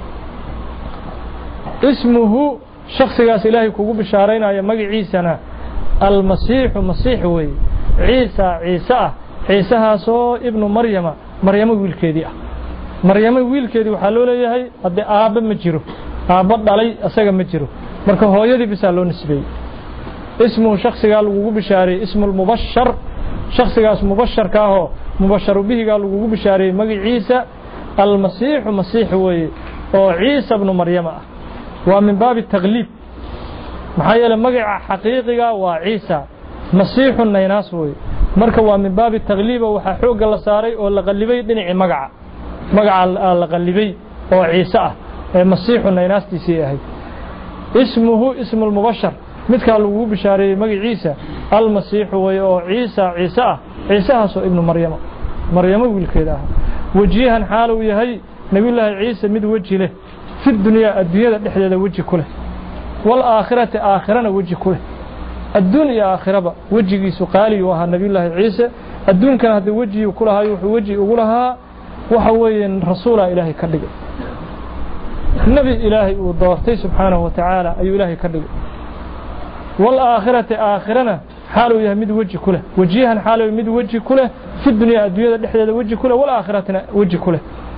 اسمه شخص قاس إلهي كوكو بشارين يا مجي عيسى المسيح مسيح وي عيسى عيسى عيسى هاسو ابن مريم مريم ويل كيدي مريم ويل كيدي وحلو ليهي هدي آب مجيرو آب دالي أساق مجيرو مركا هويدي بسالو نسبي اسمه شخص قال كوكو بشاري اسم المبشر شخص قاس مبشر كاهو مبشر به قال كوكو بشاري مجي عيسى المسيح مسيح وي أو عيسى ابن مريم ومن باب التغليب محايا مقع حقيقي وعيسى مسيح النيناس وي مركا ومن باب التغليب وححوق الله ساري ولا غلبي دنيع مقع مقع الغلبي وعيسى مسيح النيناس تسيه اسمه اسم المبشر مثل قالوا بشاري مقع عيسى المسيح وي عيسى عيسى عيسى هو ابن مريم مريم والكيده وجيها حاله يهي نبي الله عيسى مد وجه له في الدنيا الدنيا دحديده وجه كله والآخرة آخرنا وجه كله الدنيا آخرة وجهي سقالي وها نبي الله عيسى الدنيا كان هذا وجهي وكلها يوحي وجهي وكلها وحوين رسول إلهي كدق النبي إلهي ودورتي سبحانه وتعالى أي إلهي كدق والآخرة آخرنا حاله يمد وجه كله وجيها حاله يمد وجه كله في الدنيا الدنيا الدحية وجه كله والآخرة وجه كله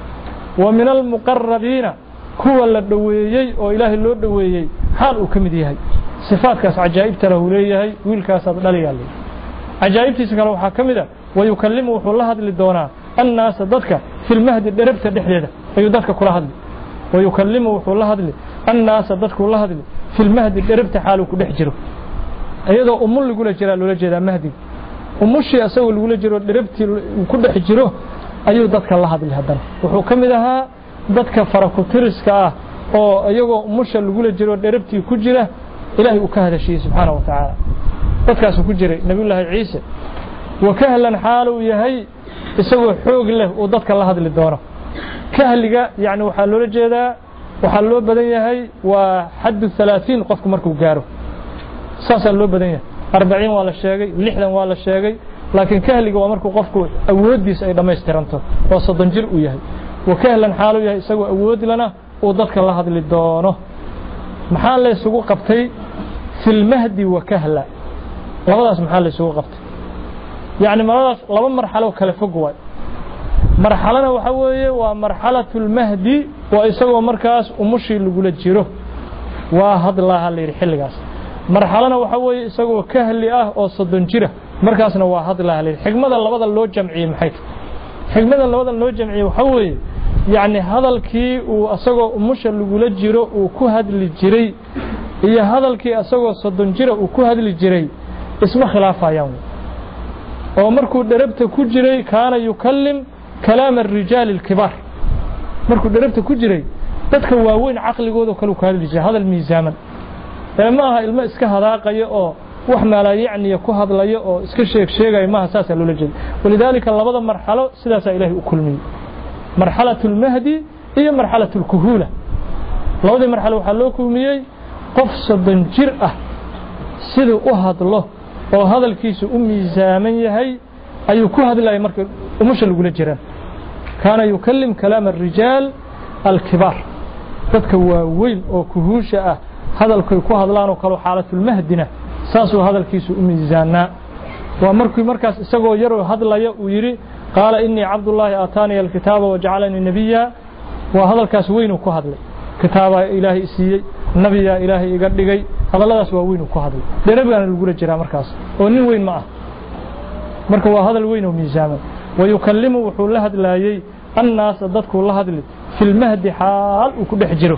ومن المقربين هو اللي وإلهي اللي دويي حال وكمديهي صفات كاس عجائب تره ليهي ويل كاس دليا لي عجائب تسكن وحا كميدا ويكلمه وحو الله هذا دونا الناس ضدك في المهد دربته دخليده اي ضدك كل هذا ويكلمه وحو الله هذا الناس ضدك كل هذا في المهد دربته حاله كدخ جيرو ايدو ام لو غلا جيرا لولا jeeda mahdi umushi asoo lagu jiro دربتي ku dhex jiro ayuu dadka la hadlay hadan wuxuu kamid ahaa dadka faraku tiriska ah oo iyagoo umusha lagu jiro دربتي ku jira ilaahi uu ka hadashay subhanahu wa ta'ala dadkaas ku jiray nabiyullaahi ciise wakahlan xaalu yahay isagoo xoog leh oo dadka la hadli doono kahliga yaani waxa loo jeedaa waxa loo badan yahay waa xaddu ثلاثين qofku markuu gaaro saasa loo badan yahay أربعين waa la sheegay lixdan waa la sheegay laakiin kahliga waa markuu qofku awoodiisa ay dhameystiranto oo soddon jir u yahay wakahlan xaalu yahay isagoo awood lana oo dadka la hadli doono maxaa la isugu qabtay fil mahdi wa kahla labadaas maxaa la isugu qabtay yaani maradaas laba marxalo kala fog waay marxalana waxa weeye waa marxalatul mahdi waa isagoo markaas umushi lagu jiro waa hadlaha la yiri xilligaas marxalana waxa weeye isagoo kahli ah oo soddon jira markaasna waa hadlaha la yiri xigmada labada loo jamciyay maxay xigmada labada loo jamciyay waxa weeye يعني هذا الكي وأسقى مش اللي جرو وكهد الجري هي هذا الكي أسقى صدن جرو وكهد الجري اسمه خلافة يوم ومركو دربت كجري كان يكلم كلام الرجال الكبار مركو دربت كجري تتكوا وين عقل جودو كلو كهد الجري هذا الميزان ما الماء اسك هذا قيء وحنا لا يعني يكهد لا يأ اسك شيء شيء ما أساس اللولجد ولذلك الله بدأ مرحلة سداسة إلهي أكلمي مرحلة المهدي هي مرحلة الكهولة لو دي مرحلة وحلوكم ميي قفص بنجرأة سيدو أهد الله وهذا الكيس أمي زامن يهي أي كهد الله يمركب ومش اللي يقول الجيران كان يكلم كلام الرجال الكبار تتكوى ويل أو كهوشة هذا الكهد الله وقالوا حالة المهدنة ساسو هذا الكيس أمي زانا ومركب مركز سقو يرو هذا الله يري قال إني عبد الله آتاني الكتاب وجعلني نبيا وهذا الكاسوين وكهذا كتاب إلهي سي نبي إلهي يقدقي هذا الله سوين وكهذا ده نبي أنا الجورة جرا مركز ونين وين معه مركز وهذا الوين وميزان ويكلمه وحول هذا لا يي الناس ضدك الله هذا في المهد حال وكل حجره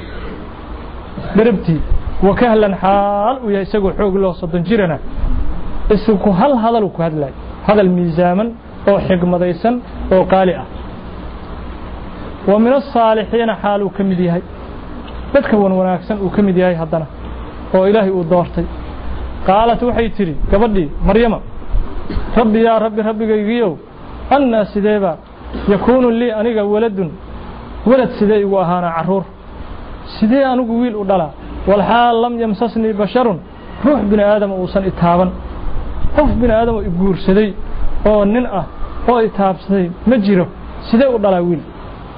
دربتي وكهلا حال ويسقوا حوق له صدن جرنا السوق هل هذا الوكهذا لا هذا الميزان أو حكمة أو قالئة ومن الصالحين حالو كمديهي تتكون وناكسن وكمديهي هدنا وإلهي ودورتي قالت وحي تري كبدي مريم ربي يا ربي ربي قيقيو أنا سيديبا يكون لي أنيق ولد ولد سيدي وأهانا عرور سيدي أنيق ويل ودلا والحال لم يمسسني بشر روح بن آدم وصن إتهابا قف بن آدم وإبقور سيدي oo nin ah oo itaabsaday ma jiro sidee u dhalay wiil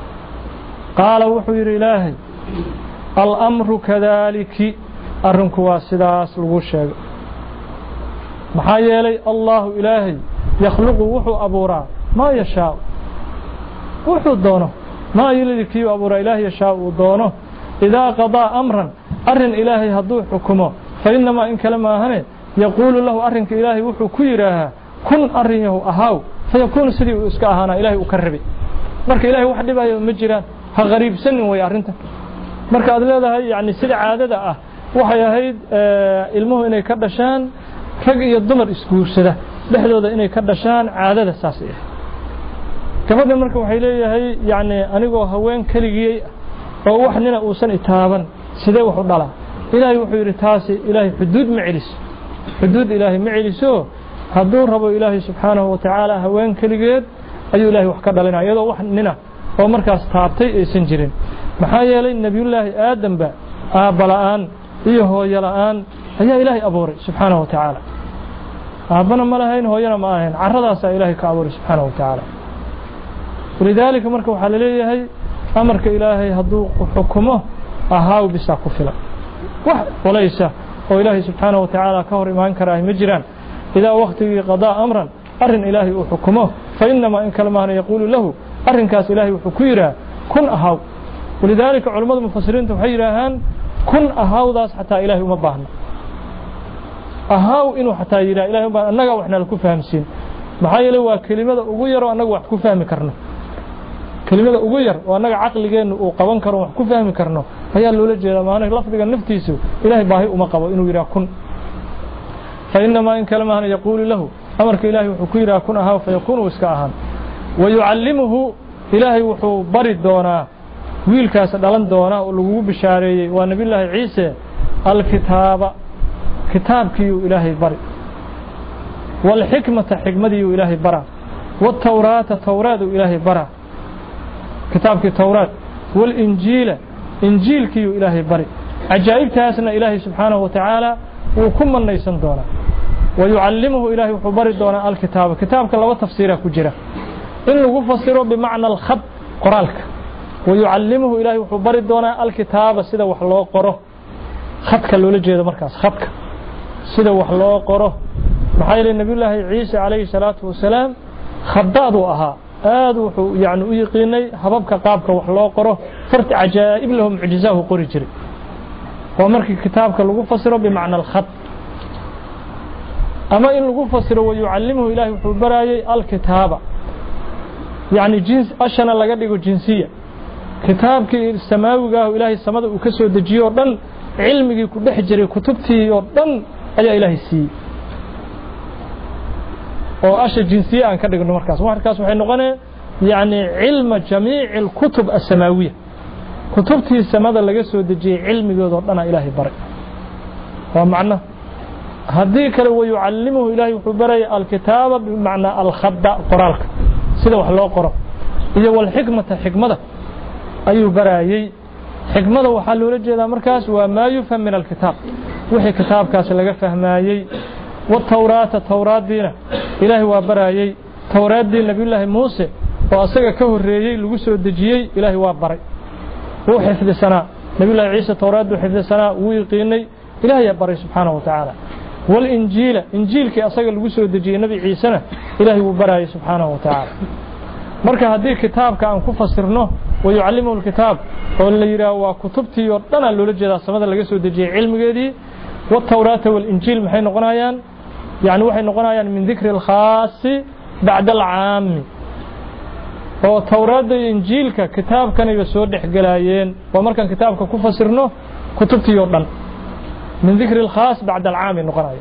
qaala wuxuu yiri ilaahay al amru kadaliki arinku waa sidaas lagu sheegay maxaa yeelay allah ilaahay yakhluqu wuxuu abuuraa ma yashaa wuxuu doono ma yiliki abuuraa ilaahay yashaa uu doono idaa qadaa amran arin ilaahay haduu xukumo fa inma in kalama ahane yaqulu lahu arinka ilaahay wuxuu ku yiraahaa كن أريه أهاو فيكون سدي إسكاهنا إلهي أكربي مرك إلهي واحد يبقى مجران ها غريب سن ويارنته مرك هذا يعني سدي عادة أه وحيا هيد آه المهم إنه كردشان رجع الضمر إسكور سده لحظة إنه كردشان عادة أساسية كمان مرك وحيلي هي يعني أنا جو هوين كليجي أو وحنا أوسن إتابا سده وحد الله إلهي وحير تاسي إلهي حدود معلس حدود إلهي معلسه hadduu rabo ilaahay subxaanahu wa tacaala haween keligeed ayuu ilaahay wax ka dhalinaa iyadoo wax nina oo markaas taabtay aysan jirin maxaa yeelay nebiyullaahi aadamba aabba la'aan iyo hooyo la'aan ayaa ilaahay abuuray subxaanahu wa tacaala aabbana ma lahayn hooyana ma ahayn carradaasaa ilaahay ka abuuray subxaanahu wa tacaala ولذلك مركو حلليه هي أمرك إلهي هدو حكمه أهاو بسا كفلا وليس وإلهي سبحانه وتعالى كهر إيمان كراه مجران إذا وقت قضاء أمرا أرن إلهي وحكمه فإنما إن كلمه يقول له أرن كاس إلهي وحكيرا كن أهاو ولذلك علماء المفسرين تحيرهان كن أهاو داس حتى إلهي ومباهنا أهاو إنه حتى يرى إلهي ومباهنا أنك وإحنا لكو فهمسين محايا لوا كلمة أغير وأنك وحكو فهم كرنا كلمة أغير وأنك عقل جين وقوان كرنا وحكو فهم كرنا هيا اللولة جيدا ما أنك لفظك النفتيسو إلهي باهي ومقابا إنه يرى كن فإنما إن كلمه يقول له أمرك إلهي وحكيرا كن أهاو فيكون وسكاهان ويعلمه إلهي وحو برد دونا ويلكاس دلان دونا ولغو بشاري ونبي الله عيسى الكتاب كتاب كيو إلهي برد والحكمة حكمة إلهي برا والتوراة توراة إلهي برا كتاب كي توراة والإنجيل إنجيل كيو إلهي برد عجائب تاسنا إلهي سبحانه وتعالى وكم من ليسن دونا ويعلمه إلهي وحبر دونا الكتاب كتابك لو تفسيره كجرة إنه فسره بمعنى الخط قرالك ويعلمه إلهي وحبر دونا الكتاب سيدا وحلو قره خطك اللي جيدا مركز خطك سيدا وحلو قره محايل النبي الله عيسى عليه الصلاة والسلام خضاض أها آد وحو يعني يقيني حبابك قابك وحلو قره فرت عجائب لهم عجزاه قري جري ومركي كتابك اللي فسره بمعنى الخط أما إن لغو فسره ويعلمه إلهي وحبراي الكتابة يعني جنس أشنا لقدقه جنسية كتابك السماوي قاه إلهي السماء وكسو دجيه ودن علمك كده حجري كتبتي ودن أي إلهي السي وأشى جنسية عن كدقه المركز ومركز وحين نغني يعني علم جميع الكتب السماوية كتبتي السماء لقسو دجيه علمك ودن إلهي بري ومعنى هذيك لو يعلمه إلهي وحبري الكتاب بمعنى الخد قرالك سيده wax loo qoro iyo wal xikmata xikmada ayuu baraayay xikmada waxa loo jeedaa markaas waa ma yufham min alkitab wixii kitaabkaas laga fahmaayay wa tawraata tawraadina ilaahi waa baraayay tawraadii nabiyullaahi muuse oo asaga ka horeeyay lagu soo dajiyay ilaahi waa baray oo xifdisana nabiyullaahi ciise tawraadu xifdisana uu yaqeenay ilaahi baray subhanahu wa ta'ala والإنجيل إنجيل كي أصدق الوسر دجي النبي عيسى إلهي وبراي سبحانه وتعالى مركا هذه كتاب كان كفسرنه ويعلمه الكتاب واللي يرى وكتبتي وطنا اللي لجد السماء اللي جسوا دجي علم جدي والتوراة والإنجيل محين نقنايان يعني وحين نقنايان من ذكر الخاص بعد العام والتوراة والإنجيل ككتاب كان يسود حجلايين ومركا كتاب كفسرنه كتبتي وطنا من ذكر الخاص بعد العام النقراء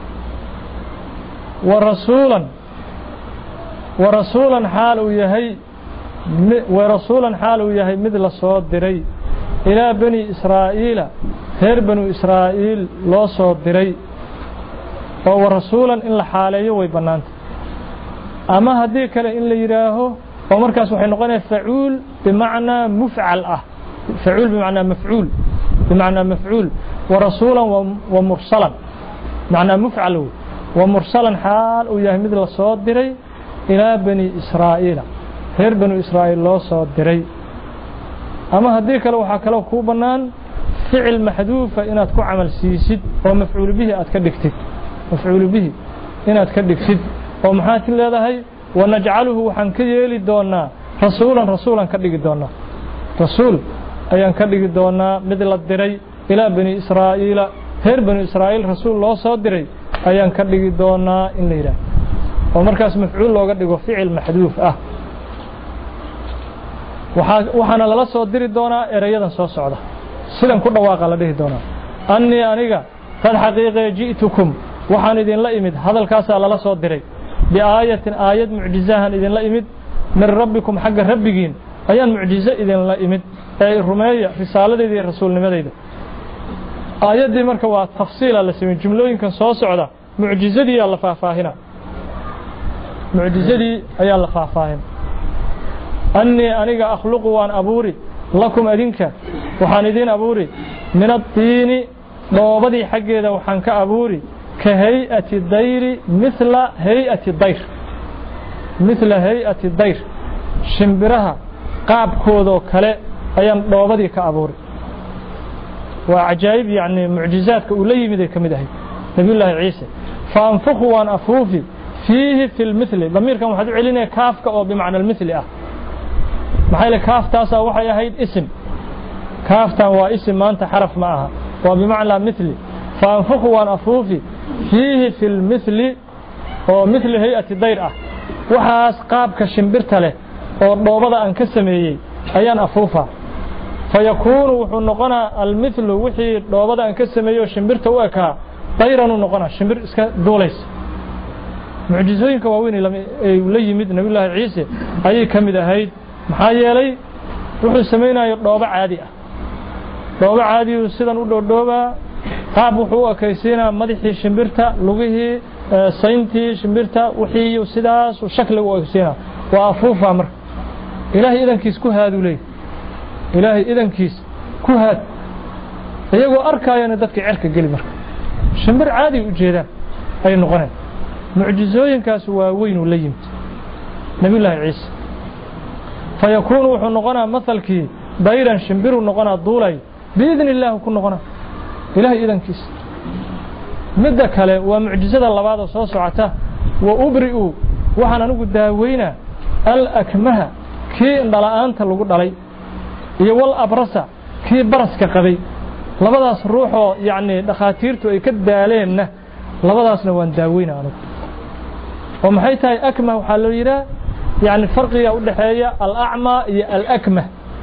ورسولا ورسولا حال يهي ورسولا حال يهي مثل الصوت دري إلى بني إسرائيل هير بنو إسرائيل لا صوت دري ورسولا إن حاليه ويبنانت أما هذيك إن يراه ومركز وحين نقول فعول بمعنى مفعل أه فعول بمعنى مفعول بمعنى مفعول ورسولا ومرسلا معنى مفعل ومرسلا حال وياه مثل الصوت دري إلى بني إسرائيل هير بنو إسرائيل لا صوت دري أما هذيك لو حكى له كوبنان فعل محذوف إن تكون عمل سيسد ومفعول به أتكدكتك مفعول به إن أتكدكتك ومحاتي هذا هي ونجعله حنكي لدونا رسولا رسولا كدك دونا رسول أيان كدك دونا مثل الدري إلى بني إسرائيل هير بني إسرائيل رسول الله صادري أيان كدك دونا إن ليرا ومركز مفعول لو قد فعل محذوف أه وحنا لا صادري دونا إريادا سو سوده سيدان ku dhawaaqa la dhihi doona anni aniga tan xaqiiqe jiitukum waxaan idin la imid hadalkaas la soo diray bi aayatin aayad mucjizahan idin la imid min rabbikum xagga rabbigiin ayaan mucjiza idin la imid ay rumeeya risaaladii rasuulnimadeyda aayadii marka waa tafsiil la sameeyay jumlooyinkan soo socda mucjizadii la faahfaahina mucjizadii ayaa la faahfaahin anni aniga akhluqu waan abuuri lakum adinka waxaan idin abuuri min at-tiini doobadii xageeda waxaan ka abuuri ka hay'ati dayri mithla hay'ati dayr mithla hay'ati dayr shimbiraha qaabkooda kale ayaan dhoobadii ka abuuray waa ajaayib yani mucjizaadka uu la yimid ay kamid ahay nabiyullaahi ciise faanfukhu waan afuufi fiihi fi lmithli damiirkan waxaad u celinaya kaafka oo bimacna almithli ah maxay le kaaftaasaa waxay ahayd isim kaaftan waa isim maanta xaraf ma aha waa bimacnaa mithli faanfukhu waan afuufi fiihi fi lmithli oo mithli hay-ati dayr ah waxaas qaabka shimbirta leh oo dhoobada aan ka sameeyey ayaan afuufaa fayakuunu wuxuu noqonaa almithlu wixii dhoobada aan ka sameeyo shimbirta u ekaa dayran uu noqonaa shimbir iska duulaysa mucjizooyinka waaweyn ay la yimid nabiyullaahi ciise ayay ka mid ahayd maxaa yeelay wuxuu samaynayo dhoobo caadi ah dhoobo caadiyu sidan u dhoodhoobaa qaab wuxuu u ekaysiinaa madaxii shimbirta lugihii sayntii shimbirta wixii sidaas shakli u ekaysiinaa waa afuufaa marka ilaahay idankiis ku haaduu leeyahy ilaahay idankiis ku haad iyagoo arkaayana dadka cerka geli marka shimbir caadi u jeedaan ay noqoneen mucjizooyinkaas waa weyn u la yimid nabiyullaahi ciise fayakuunu wuxuu noqonaa mathalkii dayran shimbiruu noqonaa duulay biidni illaahi ku noqonaa ilaahay idankiis midda kale waa mucjizada labaad oo soo socota wa ubri'u waxaan anigu daaweynaa alakmaha kii indhala'aanta lagu dhalay iyo wal abrasa kii baraska qabay labadaas ruuxoo yacni dhakhaatiirtu ay ka daaleenna labadaasna waan daaweynaa anigu oo maxay tahay akmah waxaa loo yidhaha يعني فرقية أولا حياة الأعمى الأكمه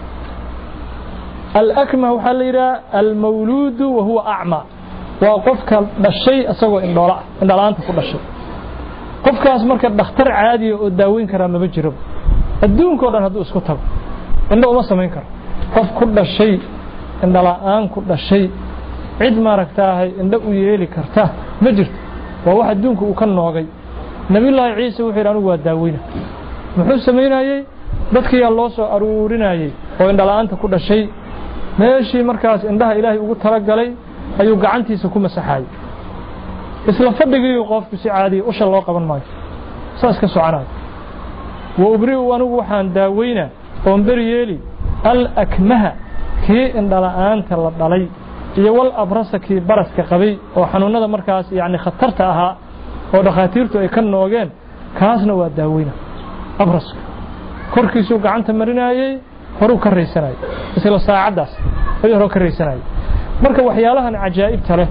الأكمه وحاليرا المولود وهو أعمى وقفك الشيء أسوأ إن دولة إن دولة أنت كل شيء قفك أسمرك الدكتور عادي والداوين كرام بجرب الدون كورن هدو اسكتها إنه ما سمين كرام قف كل شيء إن دولة أن كل شيء عد ما ركتاه إنه يلي كرتاه مجرد وواحد دونك وكان نوغي نبي الله عيسى وحيرانه والداوين muxuu sameynayay dadkii yaa loo soo aruurinayay oo indhalaanta ku dhashay meeshii markaas indhaha ilaahay ugu talagalay ayuu gacantiisa ku masaxay isla fadhigii qofku si caadi u shal loo qaban maayo saas ka soconay wa ubri'u anigu waxaan daaweynaa oo bariyeeli al akmaha kii indhalaanta la dhalay iyo wal abrasa kii baraska qabay oo xanuunada markaas yaani khatarta ahaa oo dhakhaatiirtu ay ka noogeen kaasna waa daaweynaa abraska korkiisuu gacanta marinayay horuu ka raysanayay isla saacadaas ayuu horuu ka raysanayay marka waxyaalahan cajaa'ibta leh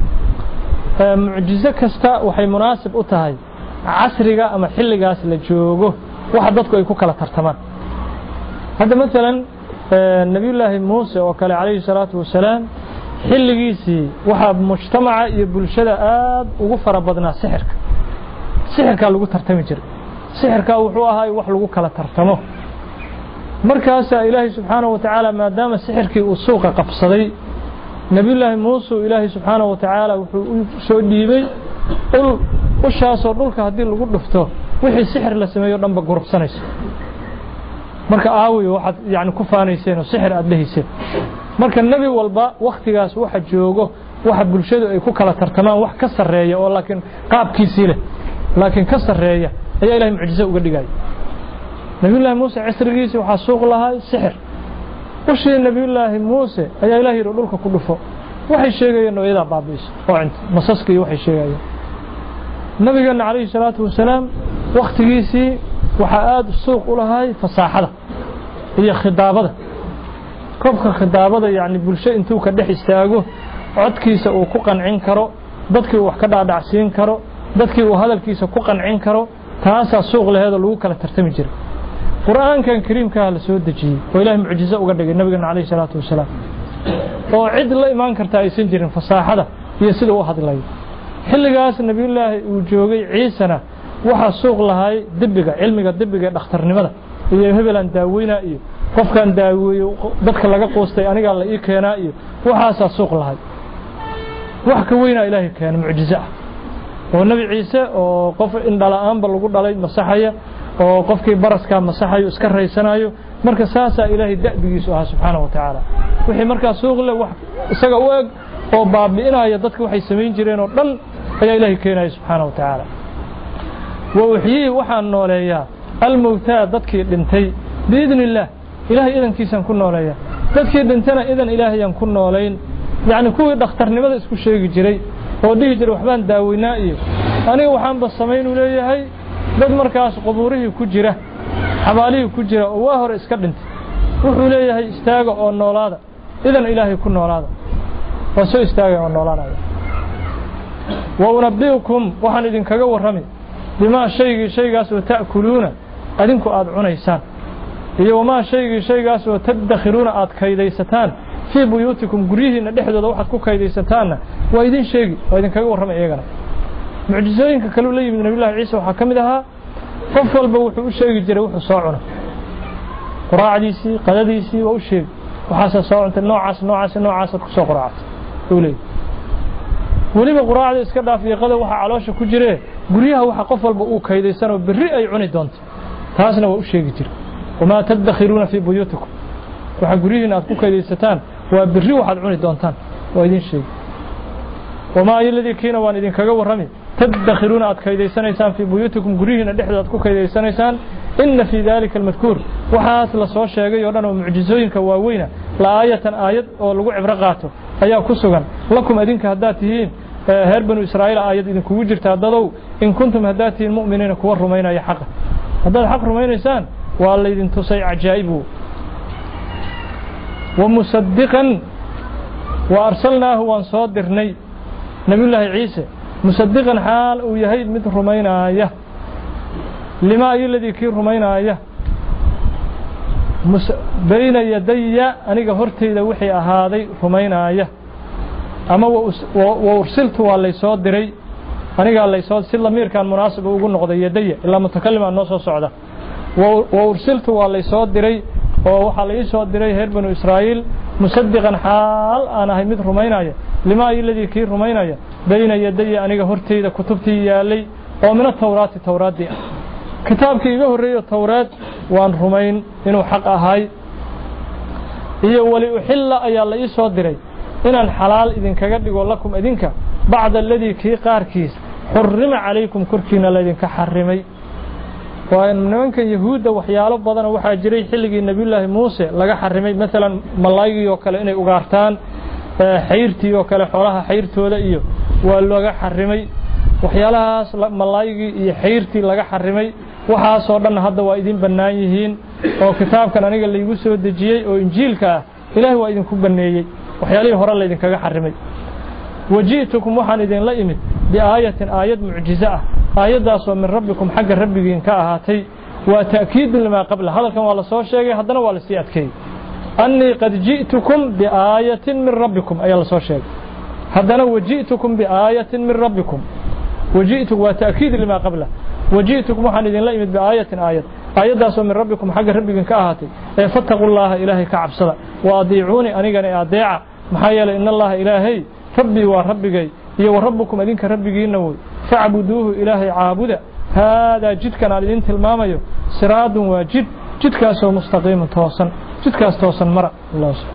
mucjizo kasta waxay munaasib u tahay casriga ama xilligaas la joogo waxa dadku ay ku kala tartamaan hadda mesela nabiyullaahi muuse oo kale calayhi salaatu wasalaam xilligiisii waxa mujtamaca iyo bulshada aad ugu fara badnaa sixirka sixirka lagu tartami jiray sixirka wuxuu ahaa wax lagu kala tartamo markaas ilaahay subhanahu wa ta'ala maadaama sixirkii uu suuqa qabsaday nabiyullaahi muuse ilaahay subhanahu wa ta'ala wuxuu soo dhiibay ul ushaasoo dhulka hadii lagu dhufto wixii sixir la sameeyo dhanba gurubsanayso marka aawiyo waxaad yaani ku faanayseen sixir aad leeyseen marka nabi walba waqtigaas waxa joogo waxa bulshadu ay ku kala tartamaan wax ka sareeya oo laakiin qaabkiisii leh laakiin ka sareeya ayaa ilaahay mucjizo uga dhigay nabiyullaahi muuse casrigiisa waxa suuq lahaa sixir washii nabiyullaahi muuse ayaa ilaahay dhulka ku dhufo waxay sheegayeen nooyada baabiis oo inta masaskii waxay sheegayeen nabigeena calayhi salaatu wasalaam waqtigiisii waxa aad suuq u lahaay fasaaxada iyo khidaabada qofka khidaabada yaani bulsho intuu ka dhex istaago codkiisa uu ku qancin karo dadkii wax ka dhaadhacsiin karo dadkii uu hadalkiisa ku qancin karo taasa suuq laheedo lagu kala tartami jiray quraankan kariimka la soo dajiyay oo ilaahay mucjizo uga dhigay nabiga calayhi salaatu wasalaam oo cid la iman karta aysan jirin fasaaxada iyo sida uu hadlay xilligaas nabiyullaahi uu joogay ciisana waxa suuq lahaay dibbiga cilmiga dibbiga dhakhtarnimada iyo hebelan daaweyna iyo qofkan daaweeyo dadka laga qoostay aniga la ii keenaa iyo waxaas suuq lahaay wax ka weyna ilaahay keen mucjizo oo nabi ciise oo qof indhala'aanba lagu dhalay masaxaya oo qofkii baraska masaxayo iska raysanayo marka saasa ilaahay da'bigiisu ah subhanahu wa ta'ala wixii marka suuq leh wax isaga u eg oo baabi'inaya dadku waxay sameyn jireen oo dhan ayaa ilaahay keenay subhanahu wa ta'ala wa wixii waxaan nooleeyaa الموتى dadkii dhintay باذن الله ilaahay idankiisan ku nooleeya dadkii dhintana idan ilaahay aan ku nooleyn yaani kuwii dhakhtarnimada isku sheegi jiray oo dhigi jiray waxbaan daaweynaa iyo aniga waxaan ba sameyn u leeyahay dad markaas qubuurihii ku jira xabaalihii ku jira oo waa hore iska dhintay wuxuu leeyahay istaaga oo noolaada idan ilaahay ku noolaada waa soo istaaga oo noolaada wa unabbiukum waxaan idin kaga warramay bima shaygi shaygaas oo taakuluuna adinku aad cunaysaan iyo wama shaygi shaygaas oo tadakhiruuna aad kaydaysataan fi buyutikum gurihiina dhexdooda waxaad ku kaydaysataan waa idin sheegi waa idin kaga warramay iyagana mucjizooyinka kale la yimid nabi ciise waxa kamid ahaa qof walba wuxuu u sheegi jiray wuxuu soo cuno quraacdiisii qadadiisii waa u sheegi waxa soo cunta noocaas noocaas noocaas ku soo quraacay ulay waliba quraacda iska dhaafiyo qada waxa caloosha ku jire guriyaha waxa qof walba uu kaydaysan oo biri ay cuni doonto taasna waa u sheegi jiray wama tadakhiruuna fi buyutikum waxa gurihiina aad ku kaydaysataan waa biri waxaad cuni doontaan waa idin sheegi wama yalladii kiina waan idin kaga warramay تدخرون أد كيديسانيسان في بيوتكم قريهن دحدود أد كيديسانيسان إن في ذلك المذكور وحاس لسو شيغay oo dhan oo mucjizooyinka waaweyn la aayatan aayad oo lagu cibro qaato ayaa ku sugan lakum adinka hadaa tihiin heer banu Israa'iil aayad idin kugu jirta dadow in kuntum hadaa tihiin mu'miniina kuwa rumaynaya xaq hadaa xaq rumaynaysaan waa la idin tusay ajaa'ibu wa musaddiqan wa arsalnaahu wa ansadirnay nabiyullaahi ciise مصدقا حال ويهيد مثل رمينايا لما الذي كي رمينايا بين يدي أنيق هرتي وحي أهادي رمينايا أما وأرسلت واللي صاد دري أنيق اللي صاد سلا مير كان مناسب وقول نقضي يدي إلا متكلم عن نص الصعدة وأرسلت واللي صاد دري وحالي صاد دري هير بنو إسرائيل مصدقا حال أنا هي مثل رمينايا لما الذي كي رمينايا بين يدي أنيق هرتي كتبتي يالي ومن التوراة التوراة دي كتابك إيجاه الرئي التوراة وان رمين إنه حق أهاي إيه وليحل أي الله يسوى الدري إن الحلال إذن كقد يقول لكم إذنك بعد الذي كي قاركيس حرم عليكم كركينا الذين كحرمي وإن منك يهود وحيالب بدنا وحاجري حلقي النبي الله موسى لقى حرمي مثلا ملايقي وكلا إني أغارتان حيرتي وكلا حولها حيرتي ولا إيو واللغة حرمي وحيالها ملايقي حيرتي لغا حرمي waxaa soo dhan hadda waa idin banaan yihiin oo kitaabkan aniga la igu soo dajiyay oo injiilka ilaahay waa idin ku baneeyay waxyaalihii hore la idin kaga xarimay wajiitukum waxaan idin la imid bi aayatin aayad mucjiza ah aayadaas oo min rabbikum xagga rabbigiin ka ahaatay waa taakiid lima qabla hadalkan waa la soo sheegay haddana waa la sii adkeeyay anni qad ji'tukum bi aayatin min rabbikum ayaa la soo sheegay haddana wajiitukum bi aayatin min rabbikum wajiitukum waa taakiid lima qabla وجئتكم وحن إذن لا يمد بآية آية آية داسو من ربكم حق ربكم كأهاتي فاتقوا الله إلهي كعب صدا وأضيعوني أنيقني أضيع محايا إن الله إلهي ربي وربكي هي وربكم أذنك ربكي إنه فاعبدوه إلهي عابدا هذا جد كان على الإنت الماميو سراد وجد جد كاسو مستقيم توصن جد كاس توصن مرأ الله سبحانه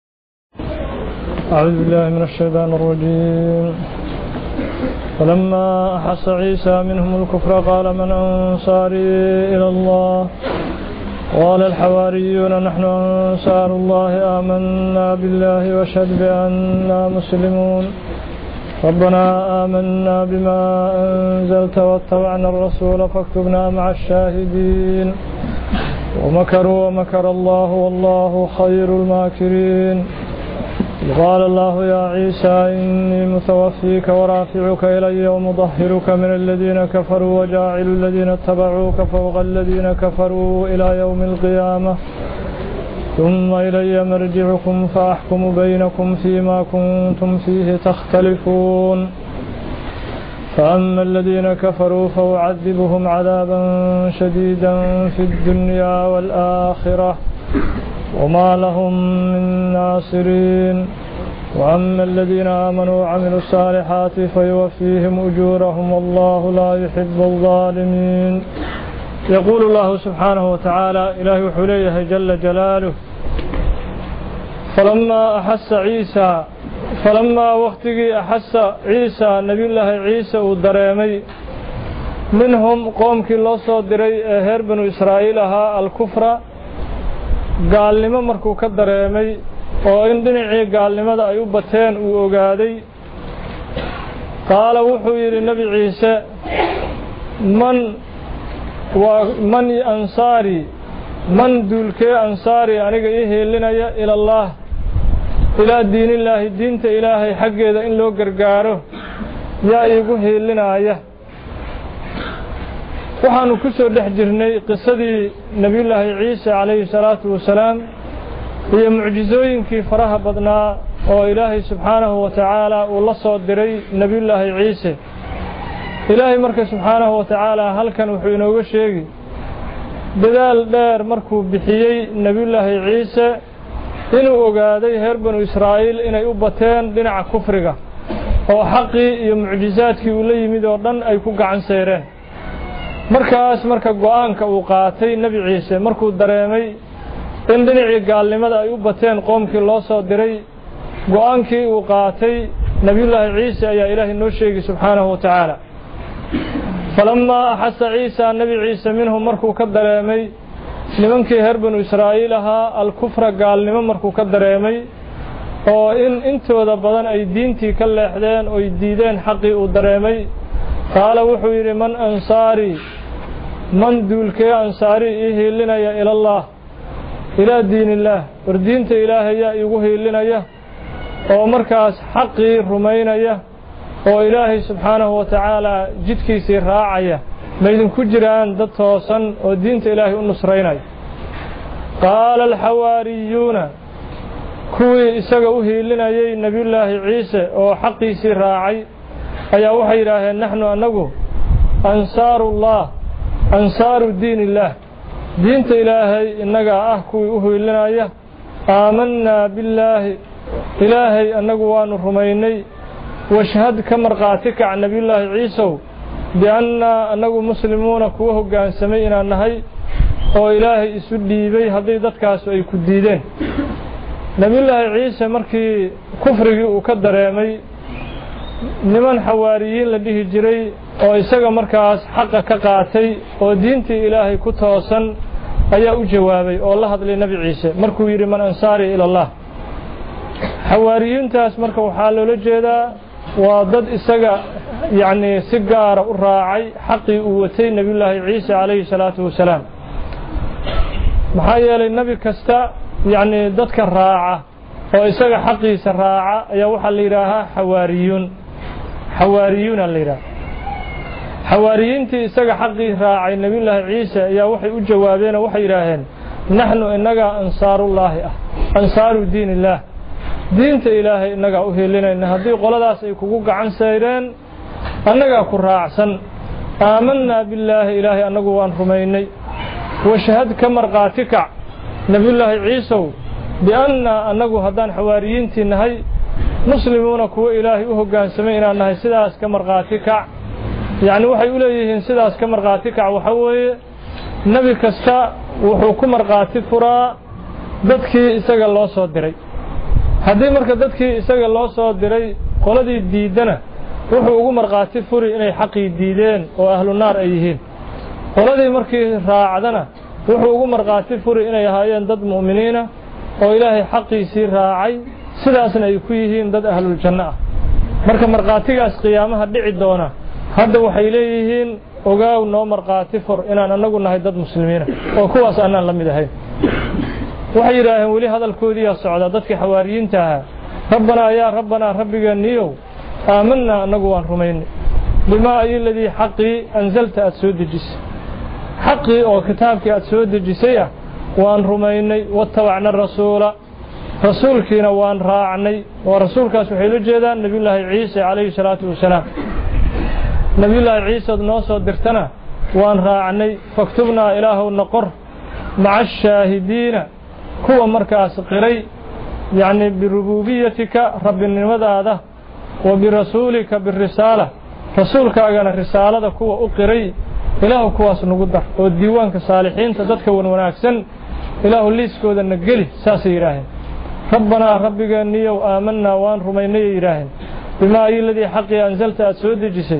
أعوذ بالله من الشيطان الرجيم فلما أحس عيسى منهم الكفر قال من أنصاري إلى الله قال الحواريون نحن أنصار الله آمنا بالله واشهد بأننا مسلمون ربنا آمنا بما أنزلت واتبعنا الرسول فاكتبنا مع الشاهدين ومكروا ومكر الله والله خير الماكرين قال الله يا عيسى إني متوفيك ورافعك إلي ومطهرك من الذين كفروا وجاعل الذين اتبعوك فوق الذين كفروا إلى يوم القيامة ثم إلي مرجعكم فأحكم بينكم فيما كنتم فيه تختلفون فأما الذين كفروا فأعذبهم عذابا شديدا في الدنيا والآخرة وما لهم من ناصرين وأما الذين آمنوا وعملوا الصالحات فيوفيهم أجورهم والله لا يحب الظالمين يقول الله سبحانه وتعالى إلهي حليه جل جلاله فلما أحس عيسى فلما وقتي أحس عيسى نبي الله عيسى ودريمي منهم قوم كي الله صدري هير بنو إسرائيل ها الكفر قال لما مركو كدر يمي وإن دنعي قال لما دا أيوبتين وقادي قال وحوير النبي عيسى من ومن أنصاري من دولك أنصاري أنك إيه لنا إلى الله إلى دين الله دين إلهي حق إذا إن لو قرقاره يا إيقوه لنا آيه وحانو كسو دحجرني قصة نبي الله عيسى عليه الصلاة والسلام هي معجزوين كي فرها بدنا وإلهي سبحانه وتعالى والله صدري نبي الله عيسى إلهي مركز سبحانه وتعالى هل كان وحينا وشيء بدال دار مركو بحيي نبي الله عيسى إنه أقادي هربن إسرائيل إنه يبتين دنع كفرقة وحقي معجزاتك ولي مدوردن أي كوك عن سيرين markaas marka go'aanka uu qaatay nabi ciise markuu dareemay in dhinacii gaalnimada ay u bateen qoomkii loo soo diray go'aankii uu qaatay nabiyullaahi ciise ayaa ilaahay noo sheegay subxaanahu wa tacaala falammaa axasa ciisa nabi ciise minhum markuu ka dareemay nimankii reer banu israa'iil ahaa alkufra gaalnimo markuu ka dareemay oo in intooda badan ay diintii ka leexdeen oo ay diideen xaqii uu dareemay qaala wuxuu yidhi man ansaari من دولك أنصاري إيه لنا يا إلى الله إلى دين الله وردينت إلهي يا إيوه لنا يا ومركز حقي رمينا يا وإلهي سبحانه وتعالى جدك سير راعية ما يدن كجران دطوصا ودينت إلهي النصرين قال الحواريون كوي إساقوه لنا يا نبي الله عيسى وحقي سير راعي أيا وحي إلهي نحن أنه أنصار الله أنصار دين الله دين إلهي إنك أحكوا أهلنا إياه آمنا بالله إلهي أنك وان رميني واشهد كمرقاتك عن نبي الله عيسى بأن أنك مسلمون كوه قان سمينا النهي وإلهي إسودي بي هضيدتك أسوأي كديدين نبي الله عيسى مركي كفري وكدر يمي niman xawaariyiin la dhihi jiray oo isaga markaas xaqa ka qaatay oo diintii ilaahay ku toosan ayaa u jawaabay oo la hadlay nabi ciise markuu yiri man ansaari ila allah xawaariyiintaas marka waxaa loola jeedaa waa dad isaga yani si gaar u raacay xaqii uu watay nabiyullaahi ciise calayhi salaatu wasalaam maxaa yeelay nabi kasta yani dadka raaca oo isaga xaqiisa raaca ayaa waxaa la yidhaahaa xawaariyuun حواريون الليلة حواريين تي سجى حقي راعي النبي الله عيسى يا وحي الجوابين وحي راهن نحن إنك أنصار الله أنصار دين الله دين إلهي إنك أهلنا إن هذه قلداس يكوك عن سيرين أنك كراعسن آمنا بالله إلهي أنك وان رميني وشهد كمرقاتك نبي الله عيسى بأن أنك هدان حواريين تي نهي مسلمون كو إلهي وهجان سمينا أنها سداس كمرقاتك يعني وحي إليهن سداس كمرقاتك وحوي نبي كستا وحكم مرقاتك فرا ددكي إساق الله صدري هذه مركز ددكي إساق الله صدري قولدي ديدنا وحكم مرقاتك فري إني حقي ديدين وأهل النار أيهين قولدي مركز راعدنا وحكم مرقاتك فري إني هايين ضد مؤمنين وإلهي حقي سير راعي sidaasna ay ku yihiin dad ahlul janna ah marka marqaatigaas qiyaamaha dhici doona hadda waxay leeyihiin ogaaw noo marqaati fur inaan anagu nahay dad muslimiin oo kuwaas aanan la mid ahayn waxay yiraahdeen wali hadalkoodii yaa socda dadkii xawaariyiinta ah rabbana yaa rabbana rabbigeeniyo aamanna anagu waan rumaynay bima ayladii xaqi anzalta asudijis xaqi oo kitaabkii aad soo dejisay waan rumaynay wattabacna rasuula rasuulkiina waan raacnay oo rasuulkaas waxay la jeedaan nabiyullaahi ciise calayhi salaatu wasalaam nabiyullaahi ciise noo soo dirtana waan raacnay faktubnaa ilaahu naqor maca shaahidiina kuwa markaas qiray yani birububiyatika rabbinimadaada wa birasuulika birisaala rasuulkaagana risaalada kuwa u qiray ilaahu kuwaas nagu dar oo diiwaanka saalixiinta dadka wan wanaagsan ilaahu liiskooda na geli saasay yidhaaheen ربنا ربك نيو آمنا وان رميني إلهن بما أي الذي حقي أنزلت أسود جسي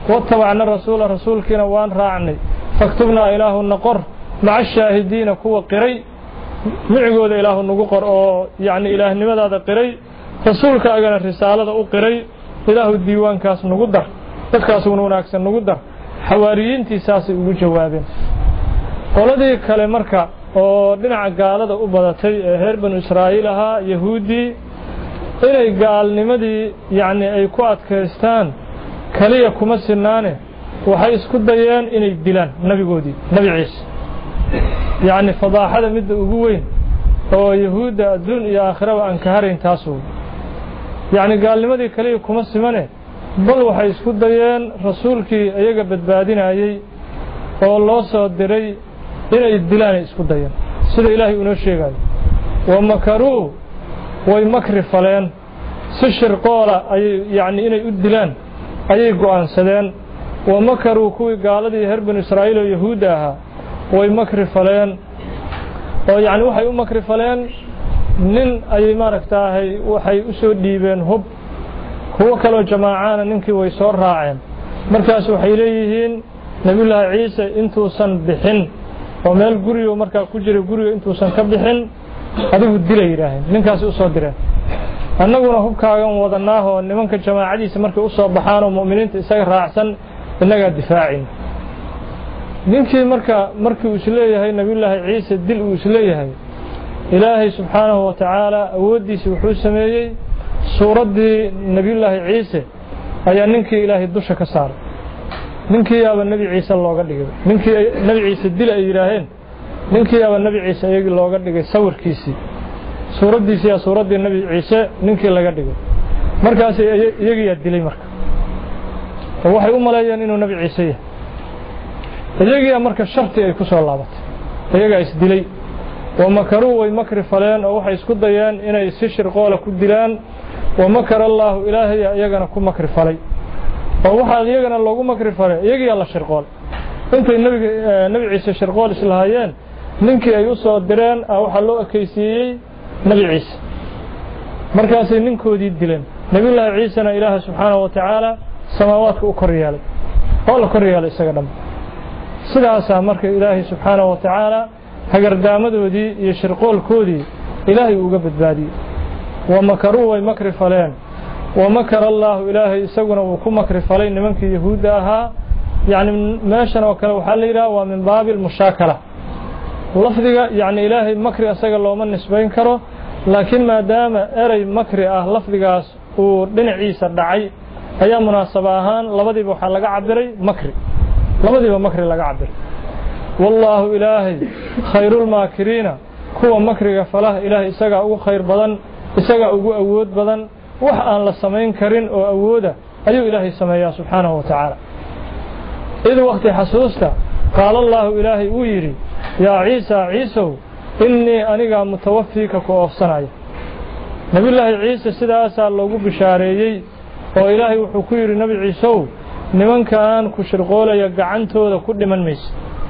واتبعنا الرسول رسولكنا وان راعني فاكتبنا إله النقر مع الشاهدين كوا قري معقود إله النقر أو يعني إله نمدا هذا قري رسولك أجل الرسالة أو قري إله الديوان كاس نقدر تكاسون وناكس نقدر حواريين تساسي وجوابين قولدي كلمركا oo dhinaca gaalada u badatay ee reer banu Israa'iil ahaa yahuudi inay gaalnimadii yaani ay ku adkaystaan kaliya kuma sinaane waxay isku dayeen inay dilaan nabigoodii nabi ciise yaani fadaaxada mid ugu weyn oo yahuuda adduun iyo aakhiraba aan ka harin taas yaani gaalnimadii kaliya kuma simane bal waxay isku dayeen rasuulkii ayaga badbaadinayay oo loo soo diray inay dilaan isku dayeen sida ilaahay uu noo sheegay wa makaru way makri faleen si shirqoola ay yaani inay u dilaan ayay go'aansadeen wa makaru kuwii gaaladii reer banu Israa'iil oo yahuud ahaa way makri faleen oo yaani waxay u makri faleen nin ay maaragtaahay waxay u soo dhiibeen hub kuwa kale oo jamaacana ninkii way soo raaceen markaas waxay leeyihiin nabiyullaahi ciise intuusan bixin oo meel guriga markaa ku jira guriga intuusan ka bixin adigu dilay yiraahdeen ninkaas u soo direen annaguna hubkaagan wadanaaho nimanka jamaacadiisa markay u soo baxaan oo muuminiinta isaga raacsan inaga difaacin ninkii marka markii uu isleeyahay nabiyullaahi ciise dil uu isleeyahay ilaahay subxaanahu wa ta'aala awoodiisa wuxuu sameeyay suuradii nabiyullaahi ciise ayaa ninkii ilaahay dusha ka saaray ninkii yaaba nabi ciise looga dhigay ninkii nabi ciise dil ay yiraahdeen ninkii yaaba nabi ciise ayagi looga dhigay sawirkiisii suuradiisa ya suuradii nabi ciise ninkii laga dhigay markaas iyagi yaa dilay marka waxay u maleeyeen inuu nabi ciise yahay iyagi marka sharti ay ku soo laabatay iyaga is dilay wa makaru way makri faleen oo waxay isku dayeen inay si shirqoola ku dilaan wa makara allah ilaahay iyagana ku makri falay oo waxa iyagana loogu makri falay iyagi la shirqool intay nabiga nabi ciise shirqool islaayeen ninkii ay u soo direen waxa loo akeysiyay nabi ciise markaas ay ninkoodii dileen nabiyullaahi ciisana ilaahay subxaanahu wa ta'aala samaawaadka u koryeelay oo la koryeelay isaga dham sidaas marka ilaahay subxaanahu wa ta'aala hagardaamadoodii iyo shirqoolkoodii ilaahay uga badbaadiyay wa makaru way makri faleen wa makara allah ilaahay isaguna uu ku makri falay nimankii yahuuda ahaa yaani meeshan oo kale waxa la yiraahdaa waa min baabil mushaakala lafdiga yaani ilaahay makri asaga looma nisbayn karo laakiin maadaama eray makri ah lafdigaas uu dhinaciisa dhacay ayaa munaasab ahaan labadiiba waxa laga cabiray makri labadiiba makri laga cabiray wallahu ilaahay khayrul maakiriina kuwa makriga falaha ilaahay isaga ugu khayr badan isaga ugu awood badan wax aan la samayn karin oo awooda ayuu ilaahay sameeyaa subxaanahu wa ta'aala إذ وقت حسوستا قال الله إلهي ويري يا عيسى عيسو إني أنيقا متوفيك كوفصناي نبي الله عيسى سيدا أسأل الله بشاريي وإلهي وحكير نبي عيسو نمن كان كشرقولا يقعنتو ذا كل من ميس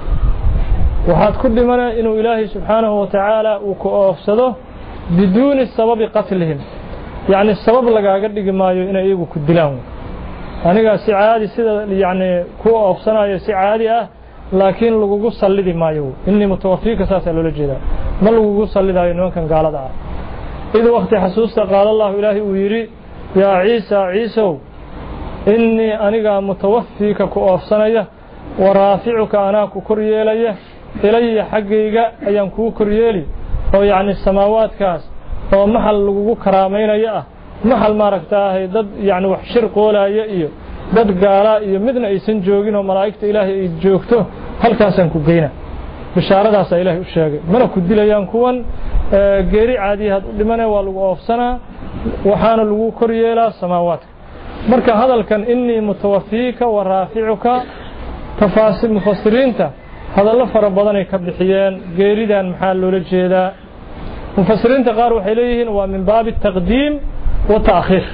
وحاد كل من إنه إلهي سبحانه وتعالى وكوفصده بدون السبب قتلهم يعني السبب لقا قدق ما إنه إيقو كدلهم aniga si caadi sida yaani ku oofsanayo si caadi ah laakiin lagu sallidi maayo inni mutawaffika saasa loo jeedaa ma lagu sallidayo nimankan gaalada ah id waqti xasuusta qaal allah ilaahi uu yiri ya ciisa ciiso inni aniga mutawaffika ku oofsanaya wa raafi'uka ana ku koryeelaya ilayya xaqayga ayaan ku koryeeli oo yaani samaawaadkaas oo maxal lagu karaameynaya ah maxal maaragtaahay dad yaani wax shir qoolaya iyo dad gaala iyo midna aysan joogin oo malaa'ikta ilaahay ay joogto halkaasan ku geeyna bishaaradaas ilaahay u sheegay mana ku dilayaan kuwan geeri caadi had u dhimanay waa lagu oofsanaa waxaana lagu koryeelaa samaawaadka marka hadalkan inni mutawaffika wa raafi'uka tafaasiil mufassiriinta hadallo fara badan ay ka bixiyeen geeridan maxaa loola jeedaa mufassiriinta qaar waxay leeyihiin waa min baab taqdiim wa ta'khir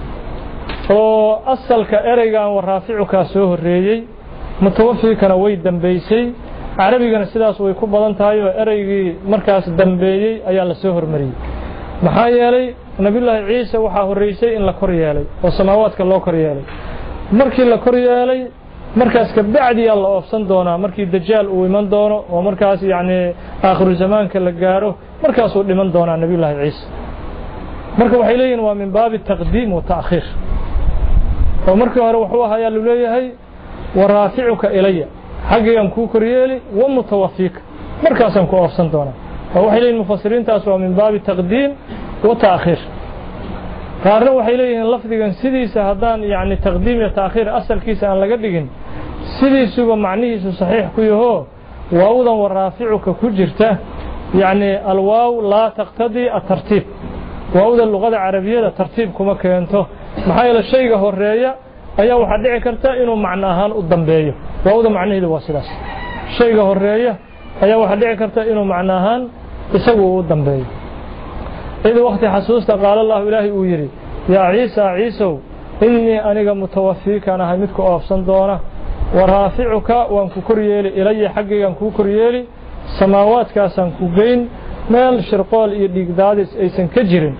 oo asalka ereygan waraaficuka soo horeeyay mutawaffikana way dambeysay arabigana sidaas way ku badan tahay oo ereygii markaas dambeeyay ayaa la soo hormariyay maxaa yeelay nabiyullaahi ciise waxa horeysay in la kor yeelay oo samaawaadka loo kor yeelay markii la kor yeelay markaas ka bacdi alla oofsan doona markii dajaal uu iman doono oo markaas yaani aakhiru zamaanka la gaaro markaas uu dhiman doona nabiyullaahi ciisa marka waxay leeyihiin waa min baabi taqdiim wa ta'khiir oo markii hore wuxuu ahaa lu leeyahay waraaficuka ilaya xaqiyan ku kor yeeli wa mutawaffiika markaasan ku oofsan doona oo waxay leeyihiin mufassiriintaas waa min baabi taqdiim wa ta'khiir qaarna waxay leeyihiin lafdigan sidiisa hadaan yaani taqdiim iyo ta'khiir asalkiisa aan laga dhigin sidiisuba macnihiisu saxiix ku yaho waawdan waraaficuka ku jirta yaani alwaaw la taqtadi at-tartiib waawda luqada carabiyada tartiib kuma keento maxaa yeelay shayga horeeya ayaa waxa dhici karta inuu macna ahaan u dambeeyo waawda macnaheedu waa sidaas shayga horeeya ayaa waxa dhici karta inuu macna ahaan isagu u dambeeyo إذا وقت حسوسته قال الله إلهي ويري يا عيسى عيسو إني أنيق متوفيك أنا همدك أفصن دونه ورافعك وانكو كريالي إلي حقي وانكو كريالي سماوات كاسان كوبين مال شرقال إيديك دادس أيسان كجرين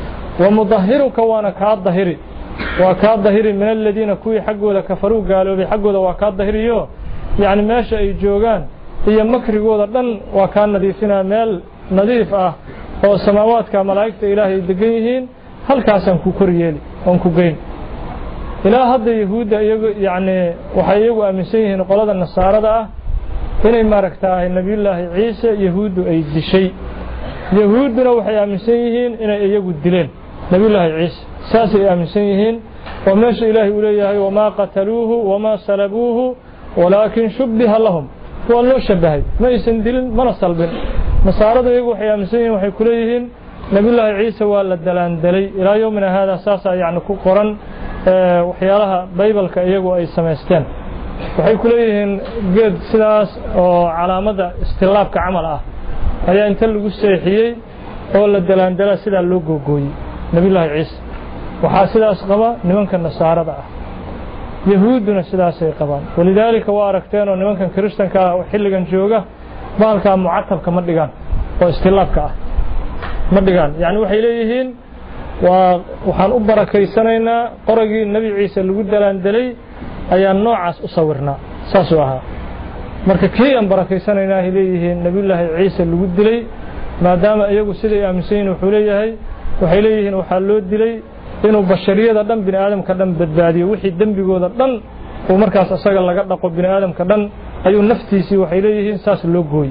ومظهرك وانا كاد ظهري وكاد ظهري من الذين كوي حقوا لكفروا قالوا بحقوا ذا وكاد ظهري يو يعني ماشا يجوغان هي مكري قوضا لن وكان نظيفنا مال نظيف أه oo samaawaadka malaa'ikta ilaahay degan yihiin halkaasan ku koryeeli on ku geyn ilaa hadda yahuuda iyagu yaani waxay iyagu aaminsan yihiin qolada nasaarada ah inay maaragtaa nabiyullaahi ciise yahuudu ay dishay yahuuduna waxay aaminsan yihiin inay iyagu dileen nabiyullaahi ciise saasay aaminsan yihiin oo meesha ilaahay uu leeyahay wama qataluuhu wama salabuuhu walaakin shubbiha lahum waa loo shabahay ma aysan dilin mana salbin nasaarada iyagu waxay aaminsan yihiin waxay ku leeyihiin nabiyullaahi ciise waa la dalaandalay ilaa yawmina hada saasa yaani ku qoran waxyaalaha baybalka iyagu ay sameysteen waxay ku leeyihiin geed sidaas oo calaamada istilaabka camal ah ayaa inta lagu seexiyay oo la dalaandala sida loo googooyay nabiyullaahi ciise waxa sidaas qaba nimanka nasaarada ah yahuuduna sidaas ay qabaan walidaalika waa aragteen oo nimankan kristanka ah xilligan jooga baalka mu'attabka ma dhigaan oo istilaabka ah ma dhigaan yaani waxay leeyihiin waa waxaan u barakaysanayna qoragii nabi ciise lagu dalaandalay ayaa noocaas u sawirnaa saas oo aha marka kii aan barakaysanayna ay leeyihiin nabiyullaahi ciise lagu dilay maadaama iyagu siday aaminsan wuxuu leeyahay waxay leeyihiin waxa loo dilay inuu bashariyada dhan bini aadamka dhan badbaadiyo wixii dambigooda dhan oo markaas asaga laga dhaqo bini aadamka dhan ayuu naftiisii waxay leeyihiin saas loo gooy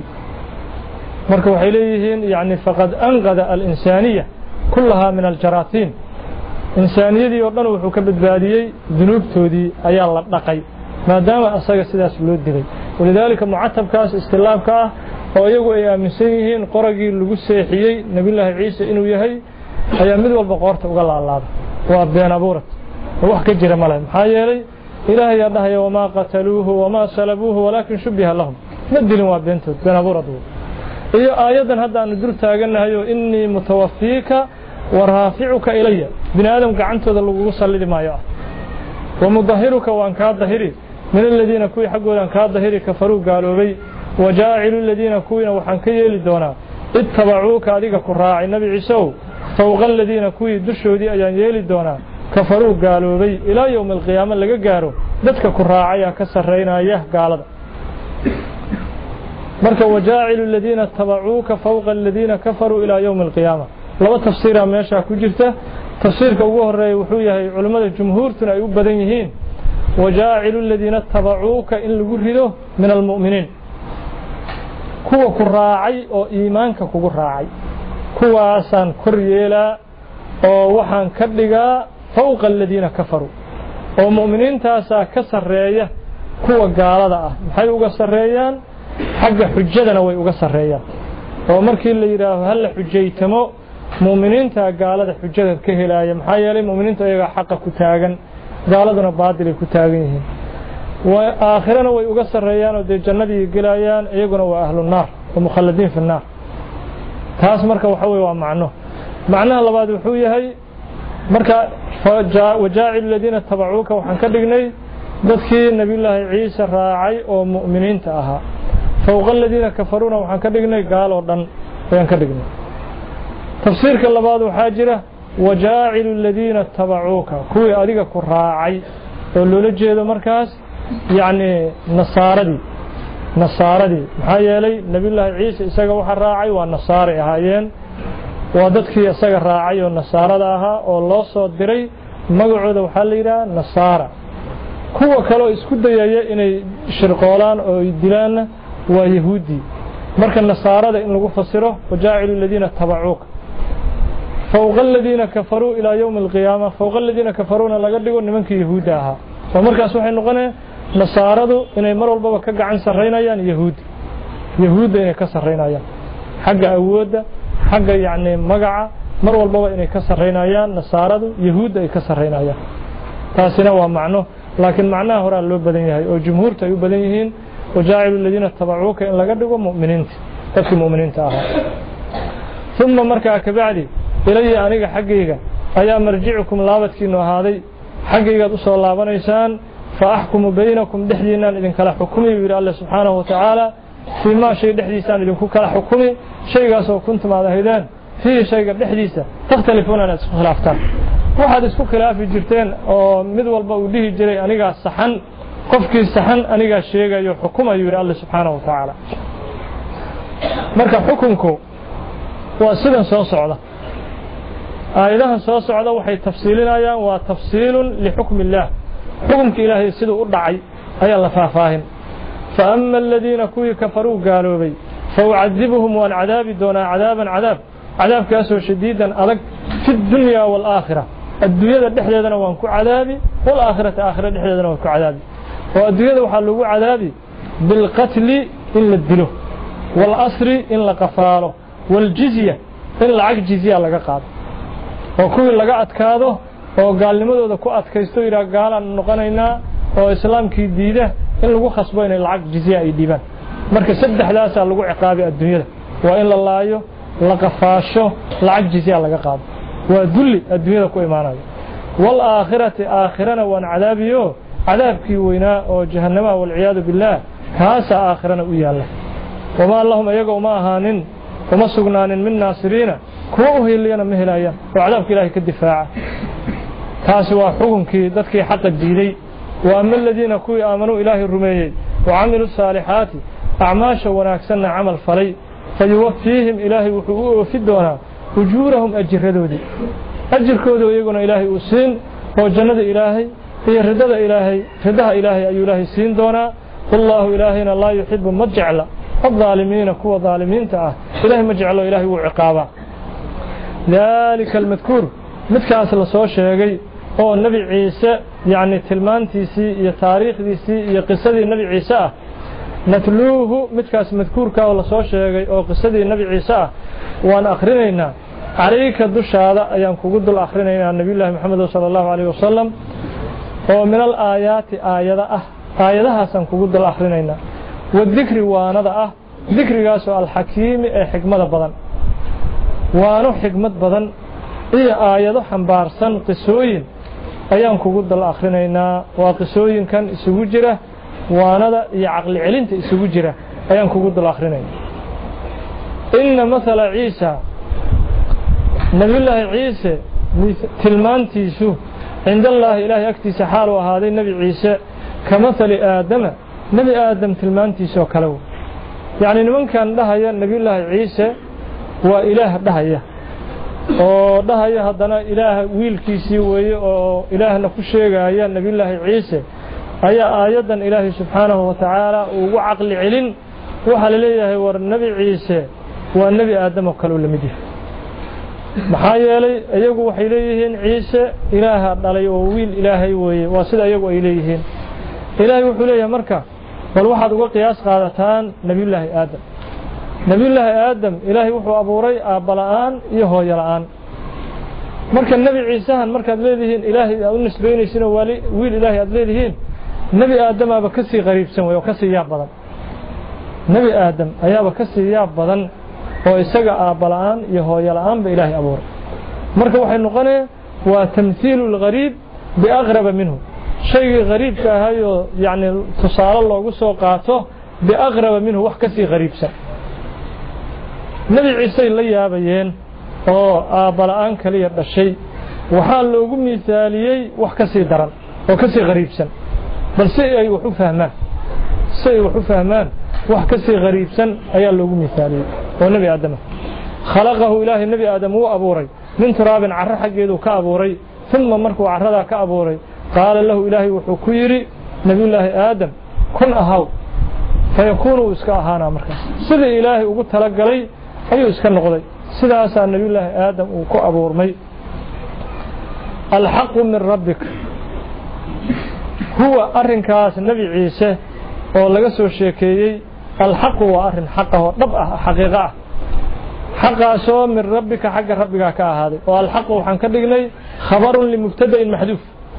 marka waxay leeyihiin yaani faqad anqada al-insaniya kullaha min al-jaratin insaniyadii oo dhan wuxuu ka badbaadiyay dunuubtoodii ayaa la dhaqay maadaama asaga sidaas loo dilay walidaalika mu'attabkaas istilaabka ah oo iyagu ay aaminsan yihiin qoragii lagu seexiyay nabiyullaahi ciise inuu yahay ayaa mid walba qoorta uga laalaada waa been abuurad wax ka jira malaha maxaa yeelay ilaahay yaa dhahay wama qataluuhu wama salabuuhu walaakin shubbiha lahum madilin waa beentood been abuurad iyo aayadan hadda aan dur taaganahay inni mutawaffiika wa raafi'uka ilayya bini aadam gacantooda lagu sallidi maayo wa mudahhiruka wa anka dahiri min alladina kuwi xaqooda anka dahiri kafaru gaaloobay wajaa'ilu alladina kuwina waxaan ka yeeli doonaa ittabacuuka adiga ku raacay nabi ciise fawqa alladina kuwi dushoodii ayaan yeeli doonaa kafaru gaaloobay ilaa yawm alqiyaamah laga gaaro dadka ku raacaya ka sareynaya gaalada marka wajaa'ilu alladina tabacuuka fawqa alladina kafaru ilaa yawm alqiyaamah laba tafsiir ah meesha ku jirta tafsiirka ugu horeeya wuxuu yahay culimada jumhuurtuna ay u badan yihiin wajaa'ilu alladina tabacuuka in lagu rido min almu'miniin kuwa ku raacay oo iimaanka kugu raacay kuwaasan kor yeelaa oo waxaan ka dhigaa fawqa alladina kafaru oo mu'miniintaasa ka sareeya kuwa gaalada ah maxay uga sareeyaan xagga xujadana way uga sareeyaan oo markii la yiraahdo hal xujaytamo mu'miniinta gaalada xujada ka helaaya maxaa yeelay mu'miniinta ayaga xaq ku taagan gaaladuna baadil ku taagan yihiin wa aakhirana way uga sareeyaan oo de jannadii galayaan iyaguna waa ahlun naar oo mukhalladin fi naar taas marka waxa weey waa macno macnaha labaad wuxuu yahay marka wajaa'ilu alladina tabacuuka waxaan ka dhignay dadkii nabiyullaahi ciise raacay oo mu'miniinta ahaa fawqa alladina kafaruna waxaan ka dhignay gaal oo dhan ayaan ka dhignay tafsiirka labaad waxa jira wajaa'ilu alladina tabacuuka kuwi adiga ku raacay ولولا جيدو مركز يعني نصاردي نصاردي محايا لي نبي الله عيسى إساق وحا راعي والنصاري هايين وددكي إساق راعي والنصارى لها والله صوت دري مقعود وحاليرا نصارى كوا كلو اسكو دايايا inay shirqoolaan oo dilaan waa yahuudi marka nasaarada in lagu fasiro wajaa'ilu alladina tabacuuk fawqa alladina kafaru ila yawm alqiyamah fawqa alladina kafaruna laga dhigo nimankii yahuudi ahaa oo markaas waxay noqonayaan nasaaradu inay mar walba ka gacan sareynayaan yahuudi yahuudi inay ka sareynayaan xagga awoodda xagga yaani magaca mar walba inay ka sareynayaan nasaaradu yahuudi ay ka sareynayaan taasina waa macno لكن معناه هو اللي بدن يهي أو جمهور تيو بدن يهين وجاعل الذين اتبعوك إن لقدقوا مؤمنين تكي مؤمنين تاها ثم مركع كبعدي إلي أنيق حقيقة أيا مرجعكم لابتك إنه هذا حقيقة أصول الله بنيسان فأحكم بينكم دحدينا إذن كلا حكمي بإلى الله سبحانه وتعالى فيما شيء دحديسان إذن كلا حكمي شيء قاسوا كنتم على هيدان فيه شيء دحديسة تختلفون على خلافتان waxaad isku khilaafi jirteen oo mid walba uu dhihi jiray aniga saxan qofkii saxan aniga sheegayo xukumayo yiri Allah subhanahu wa ta'ala marka xukunku waa sidan soo socda aayadahan soo socda waxay tafsiilinayaan waa tafsiilun li hukmi Allah xukumka Ilaahay sidoo u dhacay ayaa la faahfaahin fa amma alladheena kuwi kafaru gaalobay fa u'adibuhum wa al'adabi duna adaban adab adabkaasoo shadiidan adag fi dunya wal aakhirah الدنيا دحديدنا وان كو عذابي والاخره اخره دحديدنا وان كو عذابي والدنيا waxa lagu cadaabi bil qatl in la dilo wal asri in la qafaalo wal jizya in lacag jizya laga qaado oo kuwi laga adkaado oo gaalnimadooda ku adkaysto ira gaalan noqonayna oo islaamkii diida in lagu khasbo in lacag jizya ay dhibaan marka saddexdaas lagu ciqaabi adduunyada waa in la laayo la qafaasho lacag jizya laga qaado ودل الدنيا كو إيمانايا والآخرة آخرنا وان عذابيو عذابكي ويناء وجهنم والعياذ بالله كاسا آخرنا ويا الله وما اللهم يقو ما هانين وما سقنان من ناصرين كوه اللي أنا مهلايا وعذابك إلهي كالدفاع كاسوا حكمكي ذاتكي حق الديني وأما الذين كوي آمنوا إلهي الرميين وعملوا الصالحات أعماشا وناكسنا عمل فري فيوفيهم إلهي وحقوه في الدونا أجورهم أجردودي أجر كودو يقولون إلهي أسين وجنة إلهي هي ردد إلهي ردها إلهي أي إلهي سين دونا والله إلهينا لا يحب مجعل الظالمين كوا ظالمين تعه إلهي مجعل إلهي وعقابا ذلك المذكور متكاس الله شيغي هو النبي عيسى يعني تلمانتيسي يا تاريخ ديسي يا قصة النبي عيسى نتلوه متكاس مذكور كا الله سو شيغي أو قصة النبي عيسى وأنا أخرينا عليك الدشارة أيام كوجد الآخرين عن نبي الله محمد صلى الله عليه وسلم ومن الآيات آية أه آية حسن كوجد الآخرين والذكر وانا أه ذكر جاسو الحكيم حكمة بدن وانو حكمة بدن هي آية حنبارسن قصوين أيام كوجد الآخرين وقصوين كان سوجرة وانا يعقل علنت سوجرة أيام كوجد الآخرين إن مثل عيسى نبي الله عيسى تلمانتيسو عند الله إله يكتس حال وهذا النبي عيسى كمثل آدم نبي آدم تلمانتيسو كلو يعني من كان دهيا نبي الله عيسى وإله دهيا ودهيا هذا إله ويل كيسي وإله نكشيغا نبي الله عيسى أي آيادا إله سبحانه وتعالى وعقل علم وحل ليه والنبي عيسى والنبي آدم وكلوا لمديه maxaa ayagu waxay leeyihiin ciise ilaaha dhalay oo wiil ilaahay weeye waa sida ayagu ay leeyihiin ilaahay wuxuu leeyahay marka bal waxaad uga qiyaas qaadataan nabiyullaahi aadam nabiyullaahi aadam ilaahay wuxuu abuuray aabala'aan iyo hooyo la'aan marka nabi ciisahan markaad leedihiin ilaahay aad u nisbeynaysiin oo wali wiil ilaahay aad leedihiin nabi aadam aba ka sii qariibsan way oo ka sii yaab badan nabi aadam ayaaba ka sii yaab badan oo isaga aabala'aan iyo hooyo la'aan ba ilaahay abuuray marka waxay noqonee waa tamthiilul ghariib biaqraba minhu shayga ghariibka ahayo yani tusaale loogu soo qaato biaqraba minhu wax ka sii ghariibsan nabi ciise la yaabayeen oo aabala'aan kaliya dhashay waxaa loogu miisaaliyey wax ka sii daran وكسي غريب سن بل سي وحو فهمان سي وحو فهمان وحكسي غريب سن أي اللغو مثالي ونبي آدم خلقه إله النبي آدم هو أبوري من تراب عرى حقيدو كأبوري ثم مركو عرى كأبوري قال له إلهي وحو كيري نبي الله آدم كن أهو فيكون اسكا أهانا مركز سيدي إلهي وقلت لك لي أيو اسكا نقضي سيدي أسا نبي الله آدم وكو أبور مي الحق من ربك هو أرن كاس النبي عيسى ولقصه الشيكيي الحق هو أرن حقه طبعا حقيقة حقه سوى من ربك حق ربك كهذا والحق وحنكدقني خبر لمبتدأ محذوف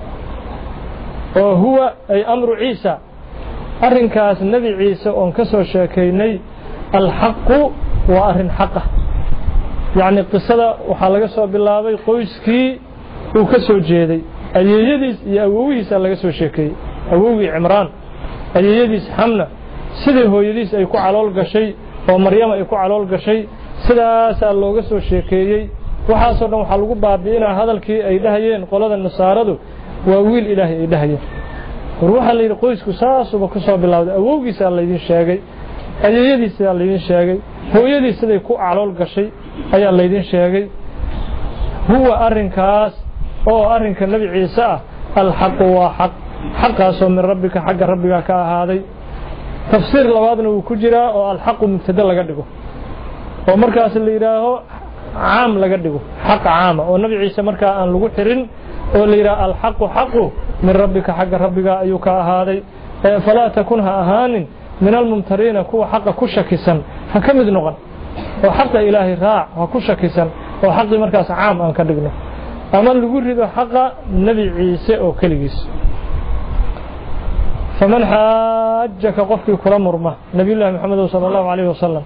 وهو أي أمر عيسى أرن كاس النبي عيسى وانكسه الشيكيني الحق وأرن حقه يعني قصة وحلقصه بالله قويسكي وكسو جيدي أيديس يا أبويس الله كسو شيكي أبوي عمران أيديس حملة سيده هو يديس أيكو علول قشي ومريم أيكو علول قشي سيده سأل الله كسو شيكي وحاصلنا وحلقوا بابينا هذا الكي أيدهين قولنا النصارى وويل إلهي أيدهين روح اللي يقويس كساس وبكسو بالله أبويس الله يدين شاقي أيديس الله يدين شاقي هو يديس سيده يكو علول قشي أي الله يدين شاقي هو أرن كاس أو أرنك النبي عيسى الحق وحق حق من ربك حق ربك كهذا تفسير لبعضنا وكجرا أو الحق مبتدأ لقدقه ومركز اللي يراه عام لقدقه حق عام والنبي عيسى مركز أن لقوا حرين واللي يرى الحق حق من ربك حق ربك أيك هذا فلا تكونها أهان من الممترين كو حق كشكسا فكمد نغن وحق إلهي راع وكشكسا وحق مركز عام أن كدقنا أما اللي يقول حق النبي عيسى أو كليس فمن حاجك قفك كل مرمى نبي الله محمد صلى الله عليه وسلم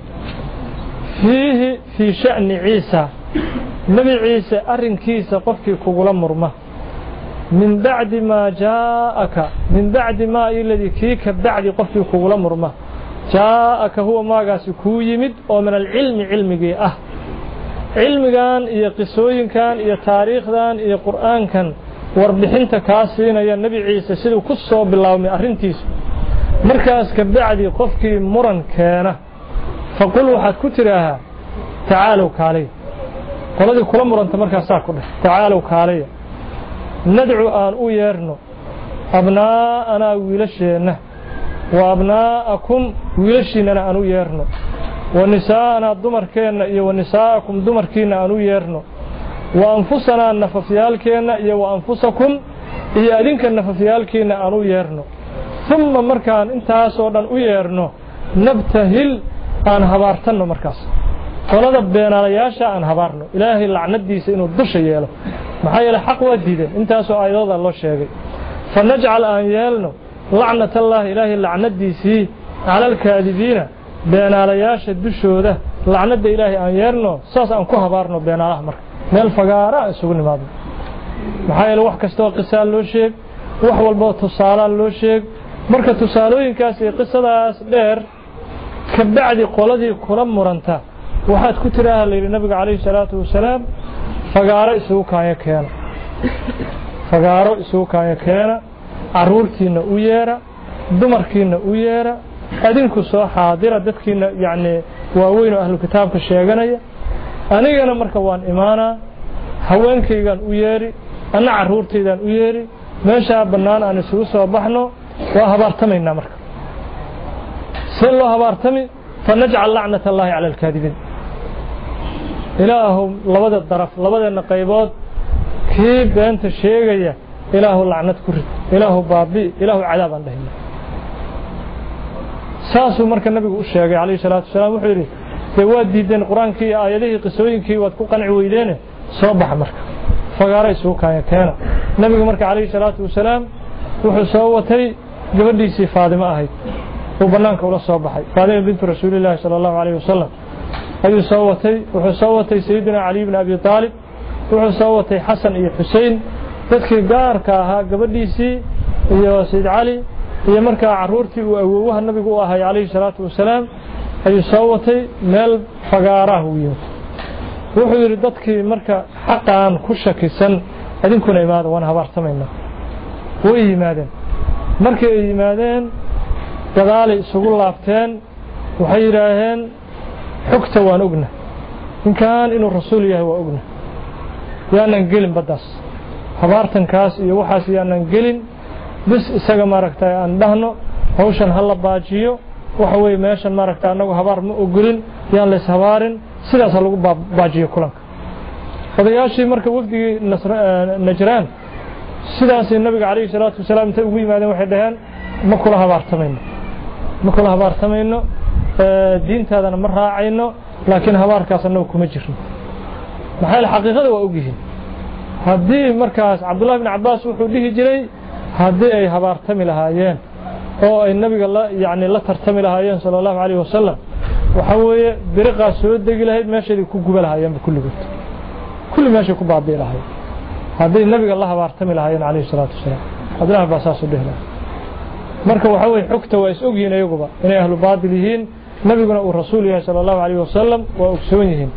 فيه في شأن عيسى نبي عيسى أرن كيس قفك كل مرمى من بعد ما جاءك من بعد ما الذي كيك بعد قفك كل مرمى جاءك هو ما قاس كويمد ومن العلم علمك أه علمكان iyo qisooyinkan iyo taariikhdan iyo quraankan warbixinta ka siinaya nabi ciise sidoo ku soo bilaawmay arintiisa markaas ka bacdi qofkii muran keena faqul waxaad ku tiraahaa tacaalow kaalay qoladii kula muranta markaas saa ku dheh tacaalow kaalay nadcu aan u yeerno abnaana wiilasheena wa abnaakum wiilashiina aan u yeerno ونساءنا دمر كينا إيه ونساءكم دمر كينا أنو يرنو وأنفسنا النففيال كينا إيه وأنفسكم إيه أدينك النففيال كينا أنو يرنو ثم مركان انتهى صورا أنو يرنو نبتهل أن هبارتنو مركز ولذا بين علياشا أن هبارنو إلهي اللعنة دي سينو الدش يالو محايا لحق وديده انتهى سو أيضا الله شيء فنجعل أن يالنو لعنة الله إلهي اللعنة دي سي على الكاذبين بين علياش الدشودة لعنة إلهي أن يرنو ساس أن كهبارنو بين الله مرك من الفقارة سجون ماضي محايل وح كستوى قصة لو شيء وح والبوت تصالة لو شيء مركة تصالوين كاسي قصة داس دير كبعد قولدي كرم مرنتا وحد كترها للنبي عليه الصلاة والسلام فقارة سوكا يكينا فقارة سوكا يكينا عرورتينا ويرا دمركينا ويرا أدينكو سو حاضرة دتكينا يعني واوين أهل الكتاب كشيغانيا أنيغانا مركا وان إيمانا هوانكيغان ويري أنا عرورتيدان ويري meesha banaan aan isugu soo baxno waa habartamayna marka sallu habartami fanaj'al la'nata allahi 'ala al-kadibin ilaahu labada daraf labada qaybood kii beenta sheegaya ilaahu la'nad ku rid ilaahu baabi ilaahu cadaab aan dhahin saasu marka nabigu u sheegay kaleey salaatu salaam wuxuu yiri waa diideen quraankii aayadihii qisooyinkii waad ku qanci weydeen soo bax marka fagaaray soo kaaya keena nabiga marka kaleey salaatu salaam wuxuu soo watay gabadhiisii Faadima ahayd oo banaanka ula soo baxay Faadima bint Rasuulillah sallallahu alayhi wasallam ayuu soo watay wuxuu soo watay Sayyidina Ali ibn Abi Talib wuxuu soo watay Xasan iyo Xuseen dadkii gaarka ahaa gabadhiisii iyo Sayyid Ali iyo marka caruurtii uu awoowaha nabigu u ahaa kaleey salaatu salaam ayuu soo watay meel fagaaraha u yimid wuxuu yiri dadkii marka xaqaan ku shakisan adinkuna imaado waan habartamayna ويمادين markay yimaadeen dagaal isugu laabteen waxay yiraahdeen xogta waan ogna in kaan inuu rasuul yahay waa ogna yaanan gelin badaas habaartan kaas iyo waxaas yaanan gelin bis isaga maaragtay aan dhahno hawshan hal la baajiyo waxa way meeshan maaragtay anagu habaar ma ogolin yaan la sabaarin sidaas lagu baajiyo kulanka odayaashii marka wafdigii Najraan sidaas nabiga kaleey salaatu wasalaam inta ugu yimaadeen waxay dhaheen ma kula habaartamayno ma kula habaartamayno diintaadana ma raacayno laakiin habaarkaas anagu kuma jirno maxay xaqiiqada waa ogyihiin hadii markaas Abdullah ibn Abbas wuxuu dhihi jiray hadii ay habaartami lahaayeen oo ay nabiga la yaani la tartami lahaayeen sallallahu alayhi wasallam waxa weeye biriqa soo degi lahayd meeshii ku gubal lahaayeen kulligood kulli meeshii ku baabay lahaayeen hadii nabiga la habaartami lahaayeen alayhi salaatu wasalaam Abdullah ibn Abbas u dhihna marka waxa weeye xogta waa is ogyihiin ayaguba inay ahlu baadil yihiin nabiguna uu rasuul yahay sallallahu alayhi wasallam waa ogsoon yihiin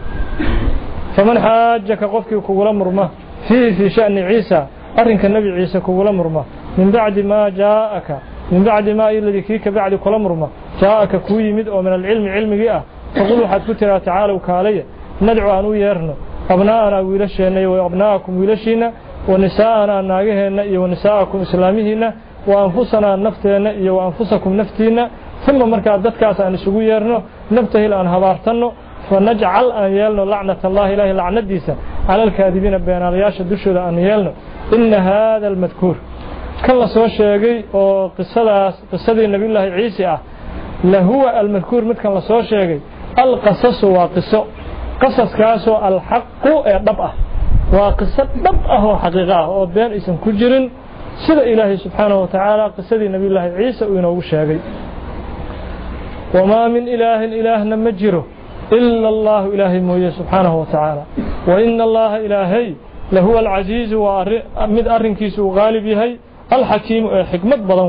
faman haajaka qofkii kugu la murma fi fi sha'ni Isa arrinka nabi Isa kugu la murma min ba'di ma jaa'aka min ba'di ma alladhi kika ba'di kula murma jaa'aka ku yimid oo min al-ilmi ilmigi ah faqul waxaad ku tiraa ta'alu kaalaya nad'u anu yeerno abnaana wiilasheena iyo abnaakum wiilashiina wa nisaana naagaheena iyo nisaakum islaamihiina wa anfusana nafteena iyo anfusakum naftiina thumma marka dadkaas aan isugu yeerno nabtahil aan habaartano fanaj'al an yalna la'nata allah ilahi la'nadiisa ala al-kadibina beenalayasha dushooda aan yeelno inna hadha al-madhkur kala soo sheegay oo qisadaas qisadii nabiyullaahi Ciise ah la huwa al-madhkur midkan la soo sheegay al-qasas wa qiso qasaskaas oo al-haqq ee dhab ah waa qiso dhab ah oo xaqiiqo ah oo been aysan ku jirin sida ilaahay subhanahu wa ta'ala qisadii nabiyullaahi Ciise uu inoogu sheegay wama min ilaahin ilaahna majiro illa allah ilaahi mooyee subhanahu wa ta'ala wa inna allah ilaahi lahu al-aziz wa mid arrinkiisu gaalib yahay al-hakim ee xikmad badan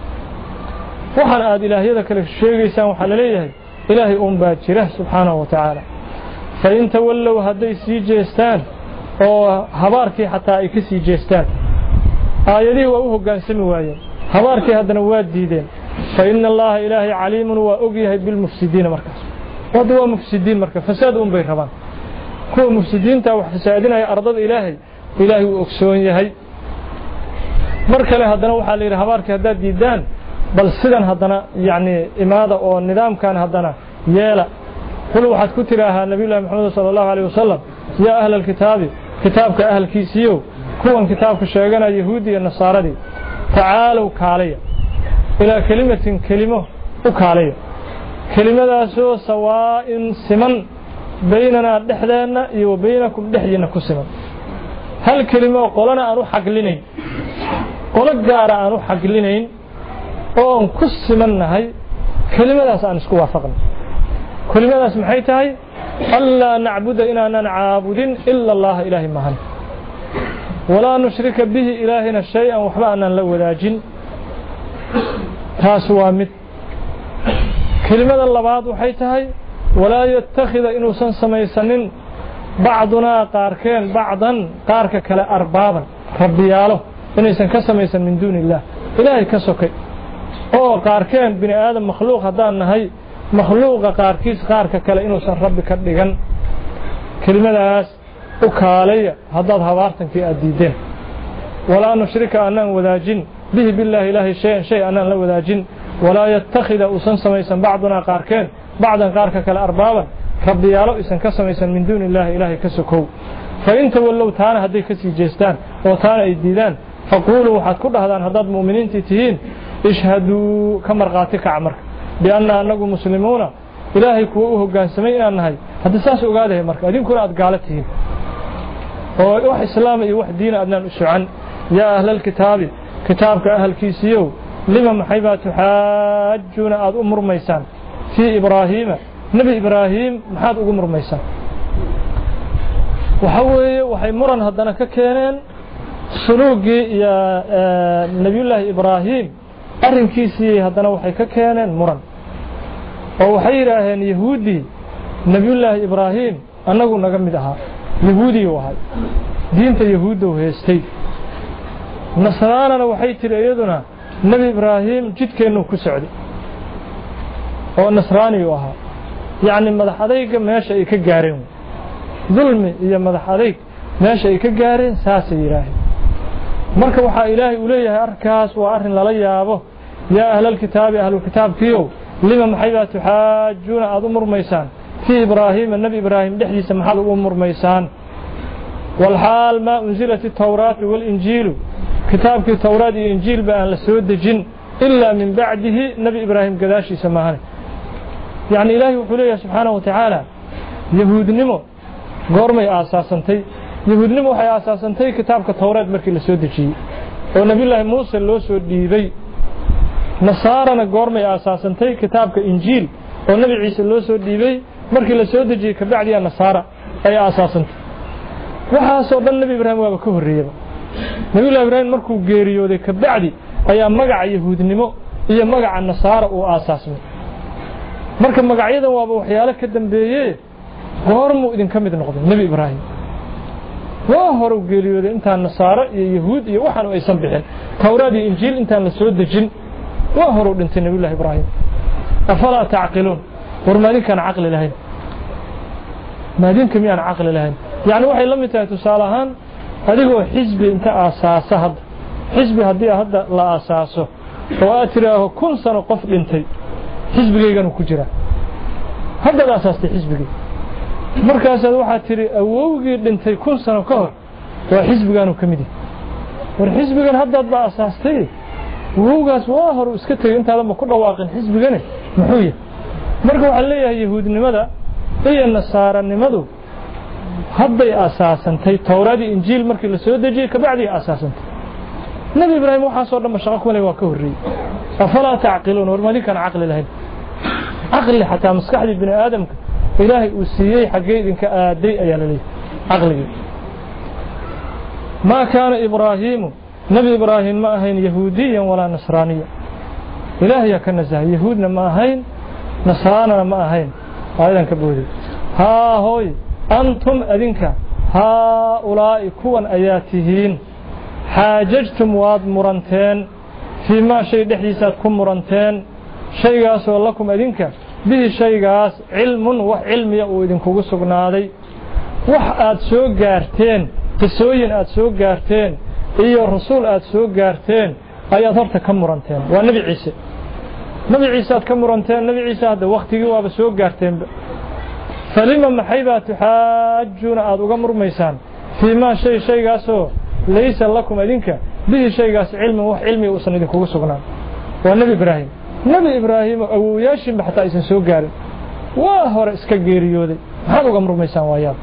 waxaan aad ilaahiyada kale sheegaysaan waxa la leeyahay ilaahi uun baa jira subhanahu wa ta'ala fa inta wallow haday sii jeestaan oo habaarkii xataa ay ka sii jeestaan aayadii waa u hogaansami waayeen habaarkii hadana waa diideen fa inna allaha ilaahi caliimun wa ogyahay bil mufsidiin markaas wada waa mufsidiin marka fasaad uun bay rabaan kuwa mufsidiinta wax fasaadinaya ardada ilaahay ilaahi uu ogsoon yahay markale hadana waxa la yiraahdaa habaarkii hadaa diidaan bal sidan hadana yaani imaada oo nidaamkan hadana yeela qul waxaad ku tiraahaa nabiyullaahi maxamed sallallahu alayhi wasallam ya ahlal kitaabi kitaabka ahlkiisiyo kuwan kitaabka sheegana yahuudi iyo nasaaradii tacaalow kaalaya ila kalimatin kalimo u kaalaya kalimadaasoo sawaa'in siman baynana dhexdeena iyo baynakum dhexdiina ku siman hal kalimo qolana aanu xaqlinayn qolo gaar ah aanu xaqlinayn oo ku simannahay kalimadaas aan isku waafaqno kalimadaas maxay tahay alla na'budu inana na'budin illa allah ilahi mahan wala nushrika bihi ilahina shay'an wa hbana la wadaajin taas waa mid kalimada labaad waxay tahay wala yattakhidha inuu san samaysanin ba'duna qaarkeen ba'dan qaarka kale arbaaban rabbiyaalo inaysan ka samaysan min duunillah ilaahi ka sokay oo qaarkeen bini aadam makhluuq hadaan nahay makhluuqa qaarkiis qaarka kale inuu san rabbi ka dhigan kalimadaas u kaalaya hadaad habaartankii aadiideen wala nushrika anan wadaajin bihi billahi ilahi shay shay anan la wadaajin wala yattakhidha usan samaysan ba'duna qaarkeen ba'dan qaarka kale arbaaban rabbiyaalo isan ka samaysan min duunillah ilahi ka sokow fa inta wallow taana haday ka sii jeestaan oo taana ay diidaan faqulu waxaad ku dhahdaan hadaad muuminiintii tihiin ishhadu kamarqaati ka amarka bianna anagu muslimuuna ilaahay kuwa u hoggaansamay inaan nahay hadda saas ogaadahay marka idinkuna aad gaalatihiin oo wax islaam iyo wax diin aadnaan u socan ya ahlal kitaabi kitaabka ahlkiisiyo lima maxayba tuhaajuna aad u murmaysaan fi ibraahiima nabi ibraahim maxaad ugu murmaysaan waxa weeye waxay muran hadana ka keeneen suluugi ya nabiyullaahi ibraahim arrinkiisii hadana waxay ka keeneen muran oo waxay yiraahdeen yahuudi nabiyullaahi ibraahim anagu naga mid ahaa yahuudi wahay diinta yahuudu heestay nasraanana waxay tiri iyaduna nabi ibraahim jidkeenu ku socday oo nasraani u ahaa yaani madax adayga meesha ay ka gaareen dulmi iyo madax adayg meesha ay ka gaareen saas ilaahay marka waxa ilaahay u leeyahay arkaas waa arin lala yaabo ya ahlul kitaabi ahlul kitaabkiyo lima maxayba tuhaajuna aad umurmaysaan fi ibraahim nabi ibraahim dhixdiisa maxaad u umurmaysaan wal haal ma unzilat at-tawrat wal injil كتابك التوراة والإنجيل بأن لسود الجن إلا من بعده نبي إبراهيم قداشي سماهن يعني إلهي وحليه سبحانه وتعالى يهود نمو قرمي آساسنتي يهود نمو حي آساسنتي كتابك التوراة مركي لسود الجن ونبي الله موسى اللو سود ديبي نصارنا قرمي آساسنتي كتابك إنجيل ونبي عيسى اللو سود ديبي مركي لسود الجن كبعدي النصارى أي آساسنتي وحاسو النبي إبراهيم وابكوه الريبا nabi ibraahim markuu geeriyooday ka bacdi ayaa magaca yahuudnimo iyo magaca nasaara uu aasaasmay marka magacyadan waaba waxyaalo ka dambeeyay goormu idin kamid noqday nabi ibraahim waa hore geeriyooday inta nasaara iyo yahuud iyo waxaan ay san bixin tawraad iyo injiil inta la soo dajin waa hore dhintay nabi ibraahim afala taqilun warmaadin kan aqli lahayn maadin kamiyaan aqli lahayn yaani waxay la mid tahay tusaalahan adigoo xisbi inta aasaasa hadda xisbi hadii hadda la aasaaso oo aad tiraaho kun sano qof dhintay xisbigaygan ku jira hadda la aasaastay xisbigay markaas waxa tiri awowgii dhintay kun sano ka hor waa xisbigan ka mid war xisbigan hadda la aasaastay awowgaas waa hor iska tagay inta ma ku dhawaaqin xisbigan muxuu yahay marka waxa leeyahay yahuudnimada iyo nasaaranimadu hadday asaasantay tawraad iyo injiil markii la soo dajiyay ka bacdi asaasantay nabi ibraahim waxa soo dhama shaqo kulay waa ka horreeyay afala taqilun warmadi kan aqli lahayn aqli hatta maskaxdi ibn aadamka ilaahay uu siiyay xageedinka aaday ayaa la leeyahay aqliga ma kaana ibraahim nabi ibraahim ma ahayn yahuudiyan wala nasraaniya ilaahay ka nazaah yahuudna ma ahayn nasraanana ma ahayn aydan ka booday ha hooy أنتم أذنك هؤلاء كون آياتهين حاججتم واد مرنتين فيما شيء دحيسات كم مرنتين شيء قاس لكم أذنك به شيء قاس علم وعلم يؤذن كوسقنا هذا وح أتسوق جارتين تسوين أتسوق جارتين إيه الرسول أتسوق جارتين آيات كم مرنتين والنبي عيسى نبي عيسى كم مرنتين نبي عيسى هذا وقت جوا بسوق جارتين فلما محيبا تحاجون أدوغا مرميسان فيما شيء شيء قاسو ليس لكم أدينك به شيء قاس علم وح علمي وصندين كوغو سقنا والنبي إبراهيم نبي إبراهيم أو ياشم بحتى إسان سوق قارن واهور إسكا قيريودي هذا مرميسان وياه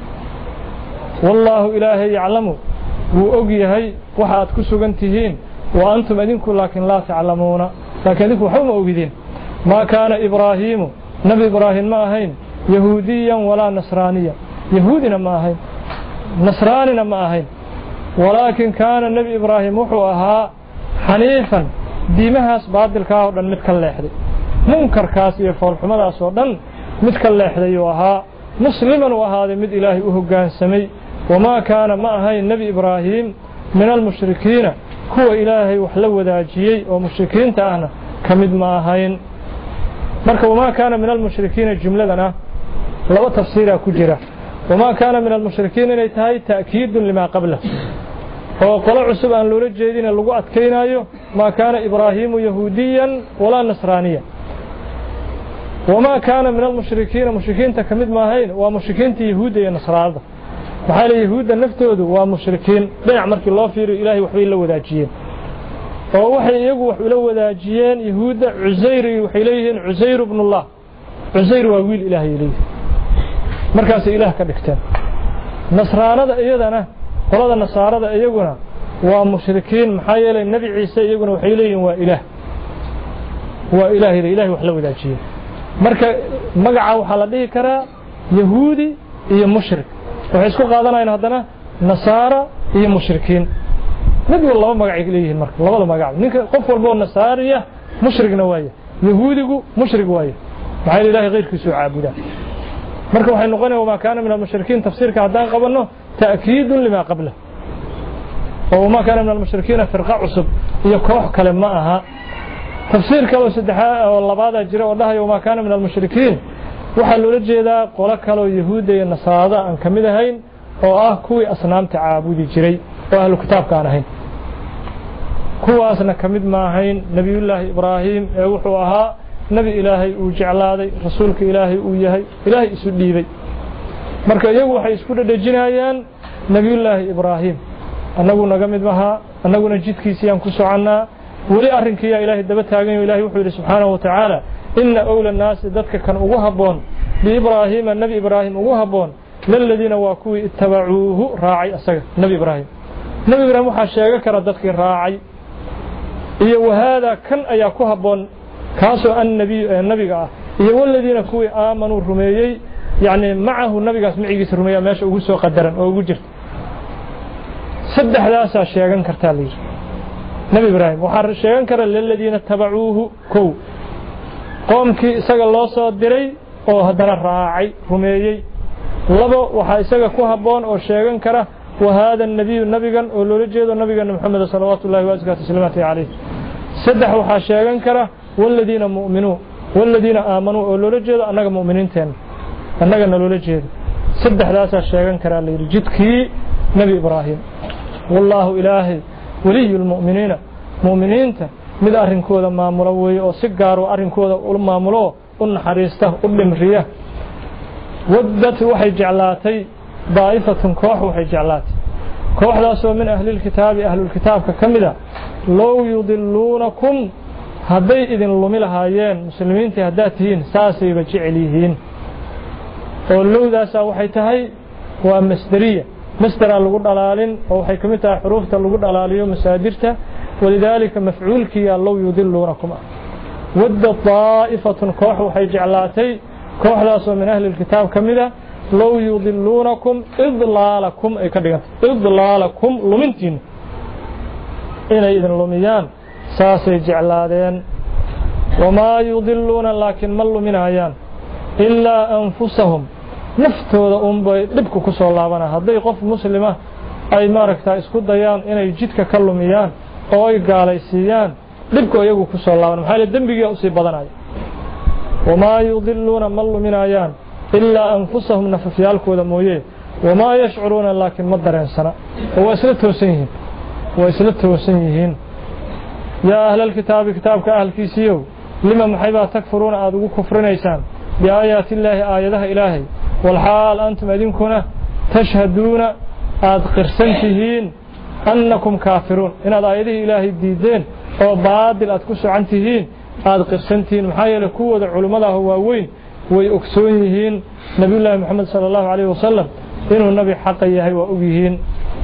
والله إلهي يعلمه وأقيهي وحاد كسوغنتهين وأنتم أدينكم لكن لا تعلمون لكن أدينكم حوم أقيدين ما كان إبراهيم نبي إبراهيم ما هين يهوديا ولا نصرانيا يهودنا ما هين نصراننا ما هين ولكن كان النبي إبراهيم وحوها حنيفا ديمهاس بادل كاودن مid ka leexday munkarkaas iyo foolxumadaas oo dhan mid ka leexday oo ahaa musliman oo ahaaday mid ilaahay u hoggaansamay wama kaana ma ahayn nabi ibraahim min al-mushrikiina kuwa ilaahay wax la wadaajiyay oo mushrikiinta ahna kamid ma ahayn marka wama kaana min al-mushrikiina jumladana laba tafsiira ku jira wama kaana min al-mushrikiina inay tahay ta'kiid lima qabla oo qolo cusub aan loola jeedin lagu adkeynayo ma kaana ibraahim yahuudiyan wala nasraaniya wama kaana min al-mushrikiina mushrikiinta kamid ma ahayn waa mushrikiinta yahuud iyo nasraanada waxa la yahuuda naftoodu waa mushrikiin dhinac markii loo fiiriyo ilaahay waxbay la wadaajiyeen oo waxay iyagu wax ula wadaajiyeen yahuuda Uzayr waxay leeyihiin Uzayr ibn Allah Uzayr waa wiil ilaahay leeyahay markaas ilaah ka dhigteen nasraanada iyadana qolada nasaarada iyaguna waa mushrikiin maxaa yeelay nabi ciise iyaguna waxay leeyihiin waa ilaah waa ilaahay ilaahay wax la wadaajiyay marka magaca waxa la dhihi karaa yahuudi iyo mushrik waxay isku qaadanayaan hadana nasaara iyo mushrikiin mid walba magac ay leeyihiin marka labada magac ninka qof walba oo nasaariya mushrigna waaye yahuudigu mushrig waaye maxay ilaahay qeyrkiisu caabuda marka waxay noqonayaan ma kaana min al-mushrikiin tafsiirka hadaan qabano ta'kiid lima qabla وما كان من المشركين فرقة عصب يكوح كلمة تفسير كلو سدحاء والله بعد جرى والله وما كان من المشركين وحلو لجيدا قولا كلو يهود النصارى أن كمدهين oo ah kuwii asnaamta caabudi jiray oo ahlu kitaabka aan ahayn kuwaasna kamid ma ahayn nabiyullaahi ibraahim ee wuxuu ahaa nabi ilaahay uu jeclaaday rasuulka ilaahay uu yahay ilaahay isu dhiibay marka iyagu waxay isku dhadhajinayaan nabiyullaahi ibraahim annagu naga mid maha annaguna jidkiisii aan ku soconaa wali arrinkiisa ilaahay daba taagan yahay ilaahay wuxuu yiri subhanahu wa ta'ala inna awla an-nas dadka kan ugu haboon bi ibraahim nabi ibraahim ugu haboon للذين واكوي اتبعوه راعي أسجد نبي إبراهيم نبي إبراهيم وحشاجة كردتك راعي إيه وهذا كان أياكوها بون كاسو النبي النبي قاه إيه والذين كوي آمنوا الرميي يعني معه النبي قاه سمعي جس الرميي ماشي وجسوا قدرا أو وجر سد حداثة شيئا كرتالي نبي إبراهيم وحر شيئا كر للذين اتبعوه كو قوم كي سجل الله صادري أو هذا الراعي رميي لبا waxa isaga ku haboon oo sheegan kara wahada nabiy nabigan oo loo jeedo nabiga Muhammad sallallahu alayhi wa sallam alayhi saddex waxa sheegan kara walladina mu'minu walladina aamanu oo loo jeedo anaga mu'miniinteen anaga loo jeedo saddexdaas sheegan kara leeyahay jidkii nabi ibraahim wallahu ilaahi waliyul mu'minina mu'miniinta mid arrinkooda maamulo way oo si gaar ah arrinkooda u maamulo u naxariista u dhimriya ودت وحي جعلاتي ضائفة كوح وحي جعلاتي كوح داسو من أهل الكتاب أهل الكتاب ككمدة لو يضلونكم هدي إذن لملهايين مسلمين تهداتهين ساسي بجعليهين ولو داسا وحي تهي ومسدرية مصدر اللغو دلالين او waxay kamid tahay xuruufta lagu dhalaaliyo masaadirta walidaalika mafcuulki allahu yudillunakum wadda ta'ifatun koox waxay jeclaatay kooxdaas oo min ahli kitaab kamida law yudillunakum idlaalakum ay ka dhiganta idlaalakum lumintiin inay idin lumiyaan saasay jeclaadeen wama yudilluna laakin ma luminayaan illa anfusahum naftooda un bay dhibku ku soo laabana haday qof muslima ay maaragtaa isku dayaan inay jidka ka lumiyaan oo ay gaalaysiiyaan dhibku iyagu ku soo laaban maxay dambiga u sii badanay wama yudilluna ma luminayaan illa anfusahum nafsiyalkooda mooyee wama yash'uruna laakin ma dareensana oo isla toosan yihiin oo isla toosan yihiin ya ahlal kitaabi kitaabka ahlkiisiyo lima maxayba takfuruuna aad ugu kufrinaysaan bi aayati illaahi aayadaha ilaahay والحال أنتم أدينكنا تشهدون أد قرسنتهين أنكم كافرون إن هذا آياته إلهي الديدين أو بادل أتكسوا عنتهين أد قرسنتهين محايا لكوة العلماء هو وين ويأكسونهين نبي الله محمد صلى الله عليه وسلم إنه النبي حقا يهي وأبيهين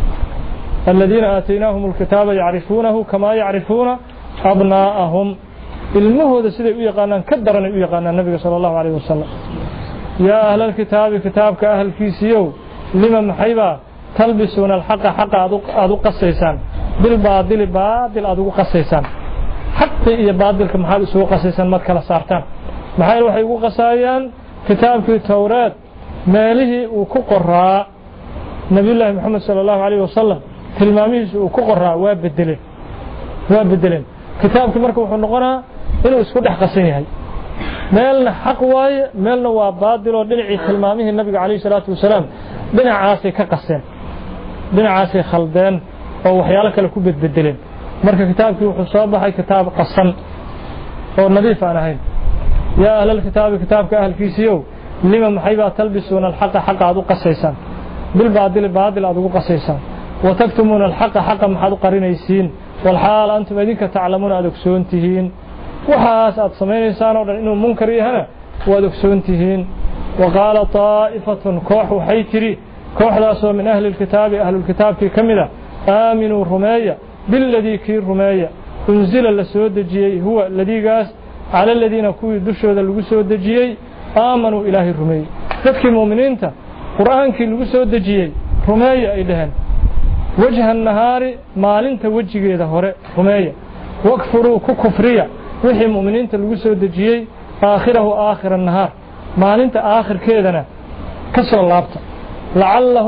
الذين آتيناهم الكتاب يعرفونه كما يعرفون أبناءهم المهود سيدي ويقانا كدرنا ويقانا النبي صلى الله عليه وسلم يا أهل الكتاب كتابك أهل كيسيو لما محيبا تلبسون الحق حق أدوق السيسان بالباطل باطل أدوق السيسان حتى إيا باطل كمحال سوق السيسان مدكلا سارتان محايل وحي قصايان كتاب في التوراة ماله وكقراء نبي الله محمد صلى الله عليه وسلم تلماميس وكقراء وابدلين وابدلين كتابك مركب وحنقنا إنه اسكو دح قصيني meelna xaq waaye meelna waa baadil oo dhinacii tilmaamihii nabiga kaleey salaatu wasalaam dhinacaasay ka qaseen dhinacaasay khaldeen oo waxyaalo kale ku bedbedeleen marka kitaabkii wuxuu soo baxay kitaab qasan oo nadiif aan ahayn yaa ahlal kitaabi kitaabka ahlkiisiyo lima maxayba talbisuuna alxaqa xaqa aad u qasaysaan bil baadil baadil aad ugu qasaysaan wa taktumuna alxaqa xaqa maxaad u qarinaysiin wal xaal antum idinka taclamuuna aad ogsoontihiin وحاس أتصمين أو إنه منكر هنا ودكسونتهين وقال طائفة كوح وحيتري كوح لاسو من أهل الكتاب أهل الكتاب في كملة آمنوا رماية بالذي كير رماية انزل لسود الجيي هو الذي قاس على الذين كوي دشوا للسود الجيي آمنوا إله الرماية تذكي المؤمنين تا قرآن كي لسود الجيي رماية إلهن وجه النهار مالين توجه إذا هراء رماية واكفروا ككفرية وحي المؤمنين تلقوا دجيي آخره آخر النهار ما أنت آخر كذا كسر اللابطة لعلهم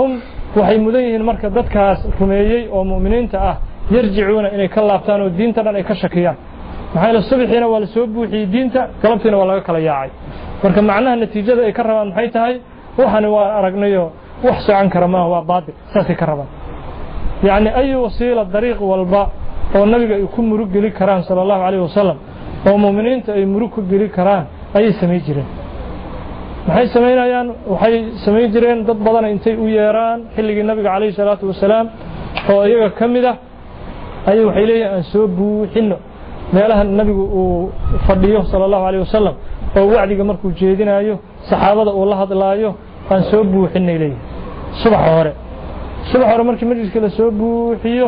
waxay mudan yihiin marka dadkaas rumeeyay oo muuminiinta ah yarjicuuna inay ka laabtaan oo diinta dhan ay ka shakiyaan maxay la subaxiina waa la soo buuxiyay diinta galabtiina waa laga kala yaacay marka macnaha natiijada ay ka rabaan maxay tahay waxaan waa aragnayo wax socon kara ma waa baadil saasi ka rabaan yaani ay wasiila dariiq walba oo nabiga ay ku murug gali karaan sallallahu alayhi wasallam oo muuminiinta ay murug ku gali karaan ay sameey jireen maxay sameeyaan waxay sameey jireen dad badan intay u yeeraan xilligii nabiga kaleey salaatu wasalaam oo iyaga kamida ay waxay leeyeen soo buuxino meelaha nabigu uu fadhiyo sallallahu alayhi wasallam oo wacdiga markuu jeedinayo saxaabada uu la hadlaayo aan soo buuxinay leeyeen subax hore subax hore markii majliska la soo buuxiyo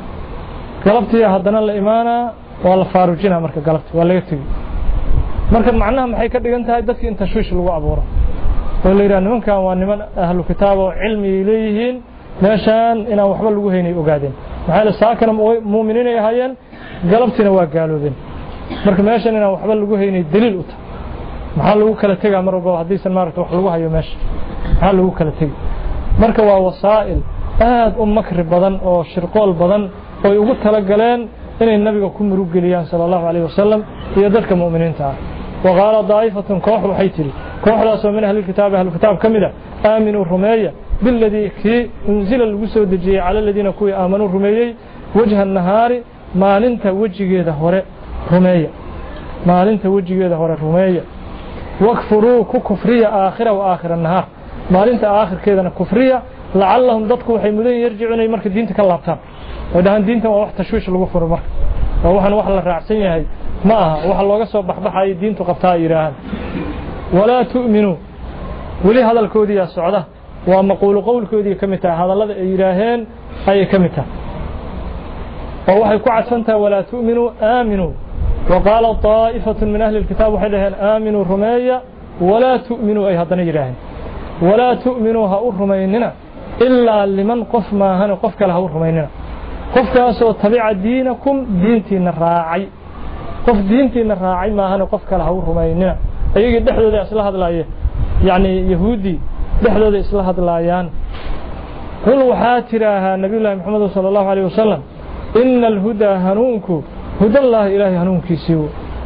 galabtii haddana la imaana waa la faarujina marka galabtii waa laga tagay marka macnaha maxay ka dhigan tahay dadkii inta shuush lagu abuuro oo la yiraahdo nimankan waa niman ahlu kitaab oo cilmi leeyihiin meeshan inaan waxba lagu haynay ogaadeen maxay la saakana muuminiin ay ahaayeen galabtina waa gaaloobeen marka meeshan inaan waxba lagu haynay daliil u tahay maxaa lagu kala tagaa mar walba hadii san maaragto wax lagu hayo meesha maxaa lagu kala tagay marka waa wasaa'il aad u makri badan oo shirqool badan oo ugu tala galeen inay nabiga ku murug galiyaan sallallahu alayhi wasallam iyo dadka muuminiinta ah waqala daa'ifatun koox waxay tiri kooxdaas oo min ahli kitaab ahli kitaab kamida aaminu rumeeya billadii ki unzila lagu soo dejiyay cala alladina kuwi aamanu rumeeyay wajha nahaari maalinta wajigeeda hore rumeeya maalinta wajigeeda hore rumeeya wakfuru ku kufriya aakhira wa aakhira nahaar maalinta aakhirkeedana kufriya la'allahum dadku waxay mudan yarjiicunay marka diinta ka laabtaan ودهان دينته waa wax tashwiish lagu furo marka waa waxan wax la raacsan yahay ma aha wax looga soo baxbaxay diintu qabtaa yiraahan wala tu'minu wali hadalkoodii ya socda waa maqool qowlkoodii kamita hadallada ay yiraaheen ay kamita oo waxay ku cadsantaa wala tu'minu aaminu وقال طائفة من أهل الكتاب وحدهن آمنوا رمية ولا تؤمنوا أي هذا يراهن ولا تؤمنوا هؤر رميننا إلا لمن قف ما هن قف كله هؤر رميننا قف كاسو تبع دينكم دينتين الراعي قف دينتين الراعي ما هن قف كله هؤر رميننا أيجي دحلو ذي أصله هذا الآية يعني يهودي دحلو ذي أصله هذا الآيان قل وحاترها نبي الله محمد صلى الله عليه وسلم إن الهدى هنونكو هدى الله إلهي هنون كيسيو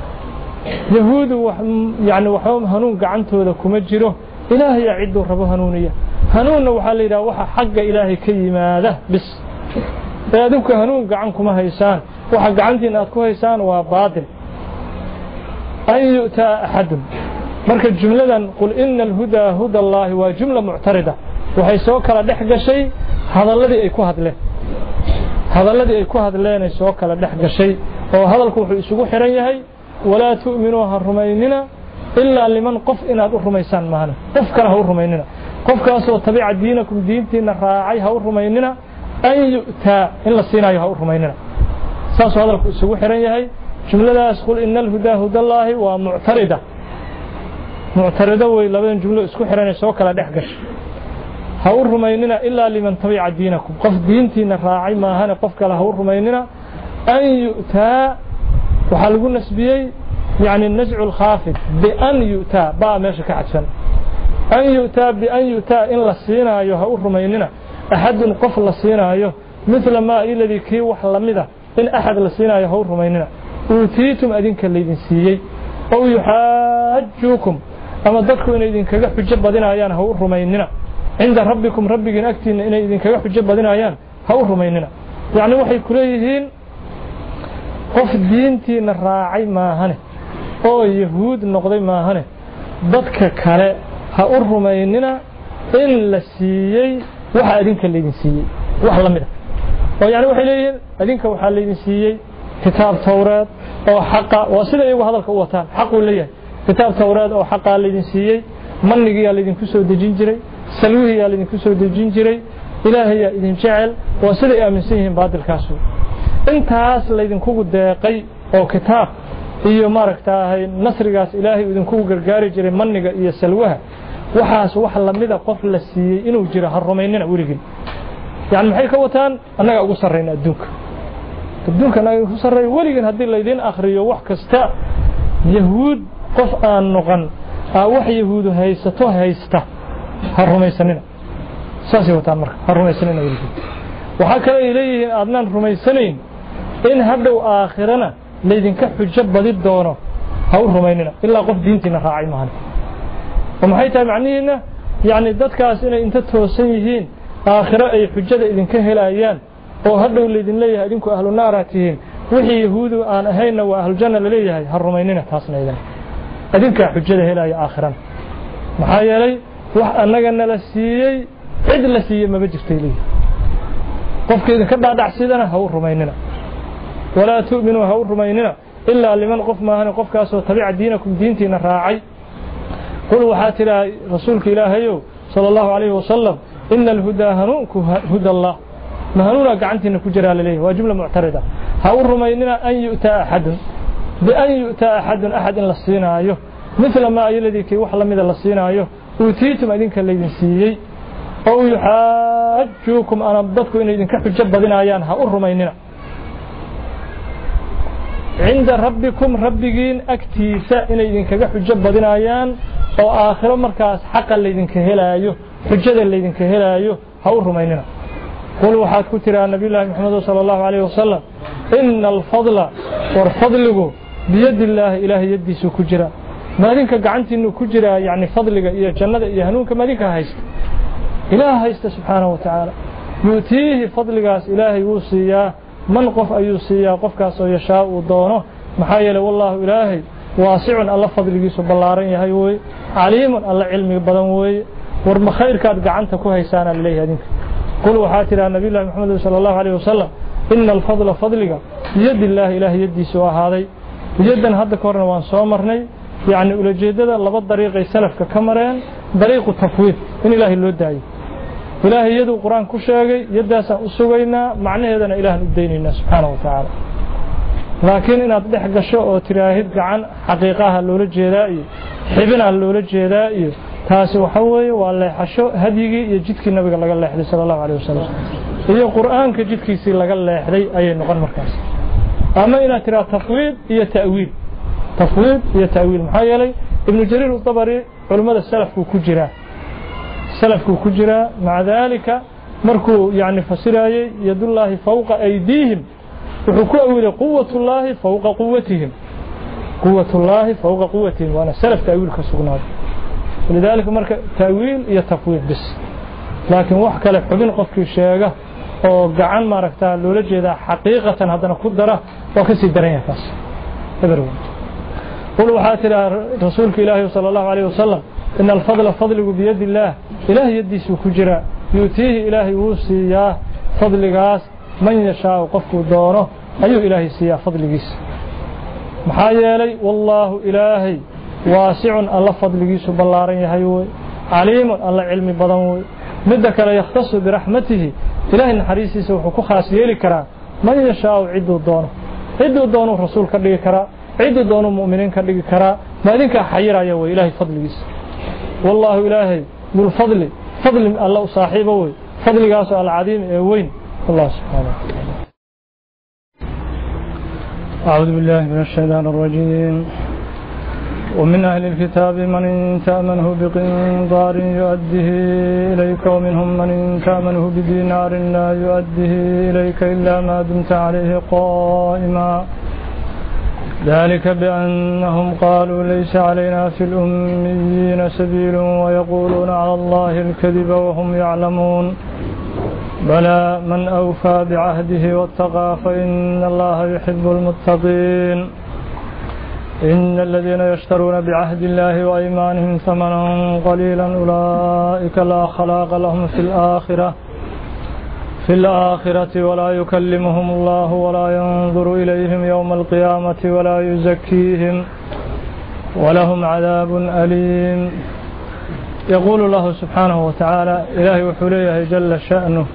يهود يعني وحوم هنون قعنته ذا كمجره إلهي يعد رب هنونية هنون وحال إذا وحا حق إلهي كيما ذا بس فيادوك هنون قعنكم هيسان وحا قعنتي ناتكو هيسان وباطل أن يؤتى أحد مركز جملة قل إن الهدى هدى الله وجملة معتردة وحيسوك لدحق شيء هذا الذي يكوهد له هذا الذي يكوهد له يسوك لدحق شيء وهذا الكوح يسوق حريهي ولا تؤمنوها الرميننا إلا لمن قف إن هذا الرميسان معنا قف كره الرميننا قف كاسو تبع دينكم دينتنا راعيها الرميننا أن يؤتى إلا الصينايها الرميننا ساسو هذا الكوح يسوق حريهي جملة يقول إن الهدى هدى الله ومعتردة معتردة وإلا بين جملة يسوق حريهي يسوق لا دحقش هؤو الرميننا إلا لمن تبع دينكم قف دينتنا راعي ما هنا قف كله الرميننا أن يؤتى وحلقوا النسبيي يعني النزع الخافض بأن يؤتى بقى ماشي كعدسن أن يؤتى بأن يؤتى إن لسينا أيها الرميننا أحد قف لسينا أيها مثل ما الذي كي وحلمده إن أحد لسينا أيها الرميننا أوتيتم أدينك اللي سيي أو يحاجوكم أما ضدكم إن إذن كجح حجة بدنا أيان هو الرميننا عند ربكم ربك أكتي إن إذن كجح حجة بدنا أيان هو الرميننا يعني وحي كليهين qof diintiina raacay maahane oo yahuud noqday maahane dadka kale ha u rumaynina in la siiyay waxa adinka leedin siiyay wax la mid ah oo yaani waxay leeyihiin adinka waxa leedin siiyay kitaab tawraad oo xaqa waa sida ay hadalka u wataan xaq uu leeyahay kitaab tawraad oo xaqa leedin siiyay manniga leedin ku soo dejin jiray salwihiya leedin ku soo dejin jiray ilaahay idin jecel waa sida ay aaminsan yihiin baadilkaas intaas laydinkugu deeqay oo kitaab iyo maaragtaahay nasrigaas ilaahay idinkugu gargaari jiray manniga iyo salwaha waxaas wax lamida qof la siiyay inuu jiro har rumaynina weligiin yani maxay ka wataan annaga ugu sarreyna adduunka adduunka annaga ugu sarreey weligiin haddii laydin akhriyo wax kasta yahuud qof aan noqon wax yahuudu haysato haysta har rumaysanina ساسي وتامر الرميسنين ولكن وحكى إليه أدنان رميسنين إن هبدوا آخرنا ليدن كحجة بديد دونه هاو رميننا إلا قف دينتنا راعي معنا ومحيطها معنينا يعني دادكاس إن انت توسيهين آخرة أي حجة إذن كهل أيان وهبدوا ليدن ليه إذنكو أهل النار هاتيهين وحي يهودو آن أهينا وأهل الجنة ليه هالرميننا تاسنا إذن إذنك حجة هلا يا آخرا محايا لي وح أنك أن لسيي عد لسيي ما بجرتي لي قفك إذا كبع دعسيدنا هو الرميننا ولا تؤمنوا هو الرميننا إلا لمن قف ما هنا قف كاسو تبع دينكم دينتنا راعي قل وحاتنا رسولك إلهي صلى الله عليه وسلم إن الهدى هنوك هدى الله ما هنونا قعنتنا كجرال ليه وجملة معتردة هو الرميننا أن يؤتى أحد بأن يؤتى أحد أحد للصينة أيه مثل ما الذي كي وحلا من للصينة أيه أوتيتم أذنك الذين سيئي أو يحاجوكم أنا بدكم إن إذن كحجة بدنا أيانها الرميننا عند ربكم ربكين أكتيسا إن إذن كحجة بدنا أيان أو آخر مركز حقا الذين كهلا أيه حجة الذين كهلا أيه هو الرميننا قل وحاد كتر النبي الله محمد صلى الله عليه وسلم إن الفضل والفضل بيد الله إله يدي سو كجرا ما دينك قعنت إنه كجرا يعني فضلك إيا جنة إيا هنوك ما دينك هايست إله هايست سبحانه وتعالى يؤتيه فضلك إله يوصيا من قف أيوصيا قف كاسو يشاء ودونه محايا والله إلهي واسع الله فضلك سب الله رأيه هايوي عليم الله علمي بدنوي ورم خير كاد قعنت كوهيسانا لليه هدينك قل وحاتر النبي الله محمد صلى الله عليه وسلم إن الفضل فضلك بيد الله إله يدي سوا هذا يدا هذا كورنا وان صومرني يعني أولى جددا لبض طريق السلف ككمرين طريق التفويض إن الله اللي داعي إله يد القرآن كشاعي يدا سأسوينا معناه هذا إله الديننا سبحانه وتعالى لكن إن أطلع قشة تراهد عن حقيقة اللولة جدائي حبنا اللولة جدائي تاسي وحوي والله حشو هديجي يجدك النبي صلى الله عليه صلى الله عليه وسلم هي القرآن كجدك يصير لقى الله يحدي أي نقل مركز أما إن ترى تفويض هي تأويل تفويض هي تأويل محايلي ابن جرير الطبري علماء السلف كجرا السلف كجرا مع ذلك مركو يعني فسراي يد الله فوق أيديهم وحكوا أول قوة الله فوق قوتهم قوة الله فوق قوتهم وأنا سلف تأويل كسقناه ولذلك مركز تأويل هي تفويض بس لكن وحكى لك حبين قفك الشيء أو قعان ما ركتها لولجي ذا حقيقة هذا نقدره وكسي درين فاس إبرون قل وحاتر رسولك إلهي صلى الله عليه وسلم إن الفضل فضل بيد الله إله يدي سوكجرا يؤتيه إلهي وصياه فضل قاس من يشاء قفك دونه أيه إلهي سياه فضل قيس محايا لي والله إلهي واسع الله فضل قيس بالله هيوي عليم الله علمي بدنوي مدك لا يختص برحمته إله الحريسي سوحكو خاص يلي كرا من يشاء عدو دونه عدو دونه رسول كدغي كرا عدو دونه مؤمنين كدغي كرا ما دينك حيرا يا إلهي فضليس والله إلهي بالفضل فضل الله صاحبه فضل قاس العظيم وين الله سبحانه وتعالى أعوذ بالله من الشيطان الرجيم ومن أهل الكتاب من تأمنه بقنطار يؤديه إليك ومنهم من تأمنه بدينار لا يؤديه إليك إلا ما دمت عليه قائما ذلك بأنهم قالوا ليس علينا في الأميين سبيل ويقولون على الله الكذب وهم يعلمون بلى من أوفى بعهده واتقى فإن الله يحب المتقين إن الذين يشترون بعهد الله وأيمانهم ثمنا قليلا أولئك لا خلاق لهم في الآخرة في الآخرة ولا يكلمهم الله ولا ينظر إليهم يوم القيامة ولا يزكيهم ولهم عذاب أليم يقول الله سبحانه وتعالى إلهي وحليه جل شأنه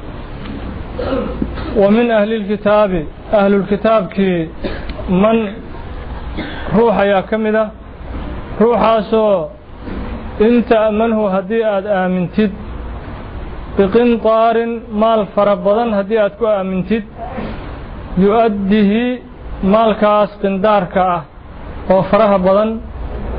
ومن أهل الكتاب أهل الكتاب كي من روح يا كمدة روح سو انت أمنه هديئة آمنتد بقنطار مال فربضا هديئة كو آمنتد يؤديه مال كاس قندار كاه وفرها بضن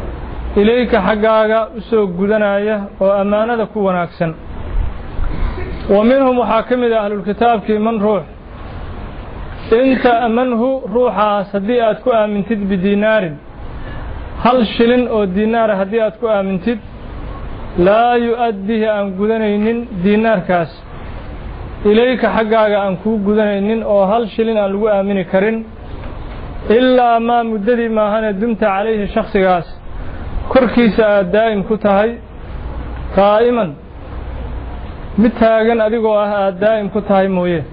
إليك حقاقا أسوق قدنايا وأمانة كو وناكسن ومنهم وحاكم أهل الكتاب كي من روح إنت أمنه روحا صديقات كو آمنتد بدينار هل شلن أو دينار هديات كو آمنتد لا يؤديه أن قدنين دينار كاس إليك حقاق أن كو قدنين أو هل شلن أن لغو آمن كرين إلا ما مددي ما هنا دمت عليه شخص كاس كركيس دائم كتهي قائما متاغن أدقو أها دائم كتهي مويه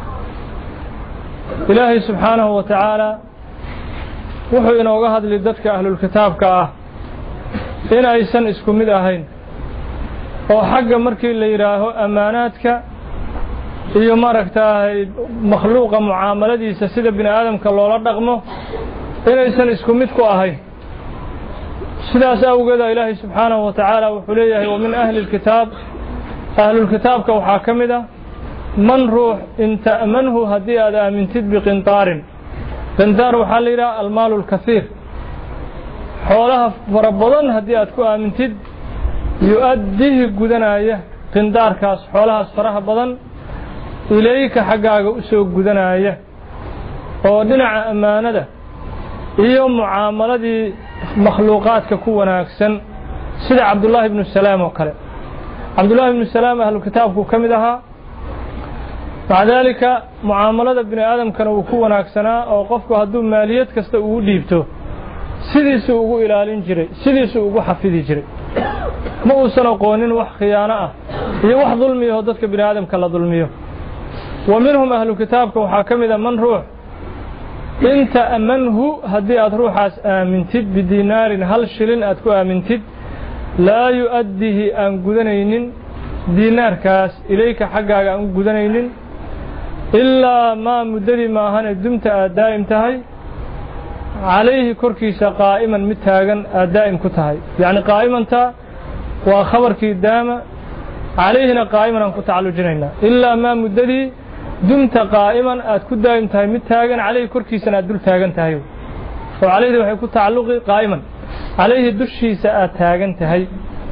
إلهي سبحانه وتعالى وحو إنوغا هاد لددك أهل الكتاب كأه إن أيسان اسكو مد أهين oo xagga markii la yiraahdo amaanaadka iyo maragtaay makhluuqa muaamaladiisa sida bini aadamka loola dhaqmo inaysan isku mid ku ahayn sidaas awgeed Ilaahay subhanahu wa ta'ala wuxuu leeyahay wa min ahli alkitab ahli alkitabka waxa kamida man ruux inta amanhu hadii aad aamintid bi qintaarin qintaar waxa la yiraahdaa almaal alkathir xoolaha farabadan hadii aad ku aamintid يؤديه قدنايا قندار كاس حولها الصراحة بدن إليك حقاق أسوق قدنايا ودنع أمانة إيوم معاملة دي مخلوقات ككونا أكسن سيد عبد الله بن السلام وكلا عبد الله بن السلام أهل الكتاب كمدها مع ذلك معاملة ابن آدم كانوا كونا أكسنا أو قفكوا هدوم ماليات كستقوا ديبتو سيدي سوقوا إلى الانجري سيدي سوقوا حفيدي جري ما أوصل قوانين وح خيانة هي وح ظلمي وهدتك بني آدم كلا ظلميه ومنهم أهل كتابك وحاكم إذا من روح إنت أمنه هدي أتروح آمنتد بدينار هل شلن أتكو آمنتد لا يؤديه أن قدنين دينار كاس إليك حقا أن قدنين إلا ما مدري ما هن دمت دائم تهي عليه كركيس قائما متاغا دائم كتهي يعني قائما تا وخبر كي داما عليهنا قائما أن كتعلو جنينا إلا ما مددي دمت قائما أتكد دائم تهي متاغا عليه كركيس أدل تاغا تهي وعليه وحي كتعلقي قائما عليه دشي سأتاغا تهي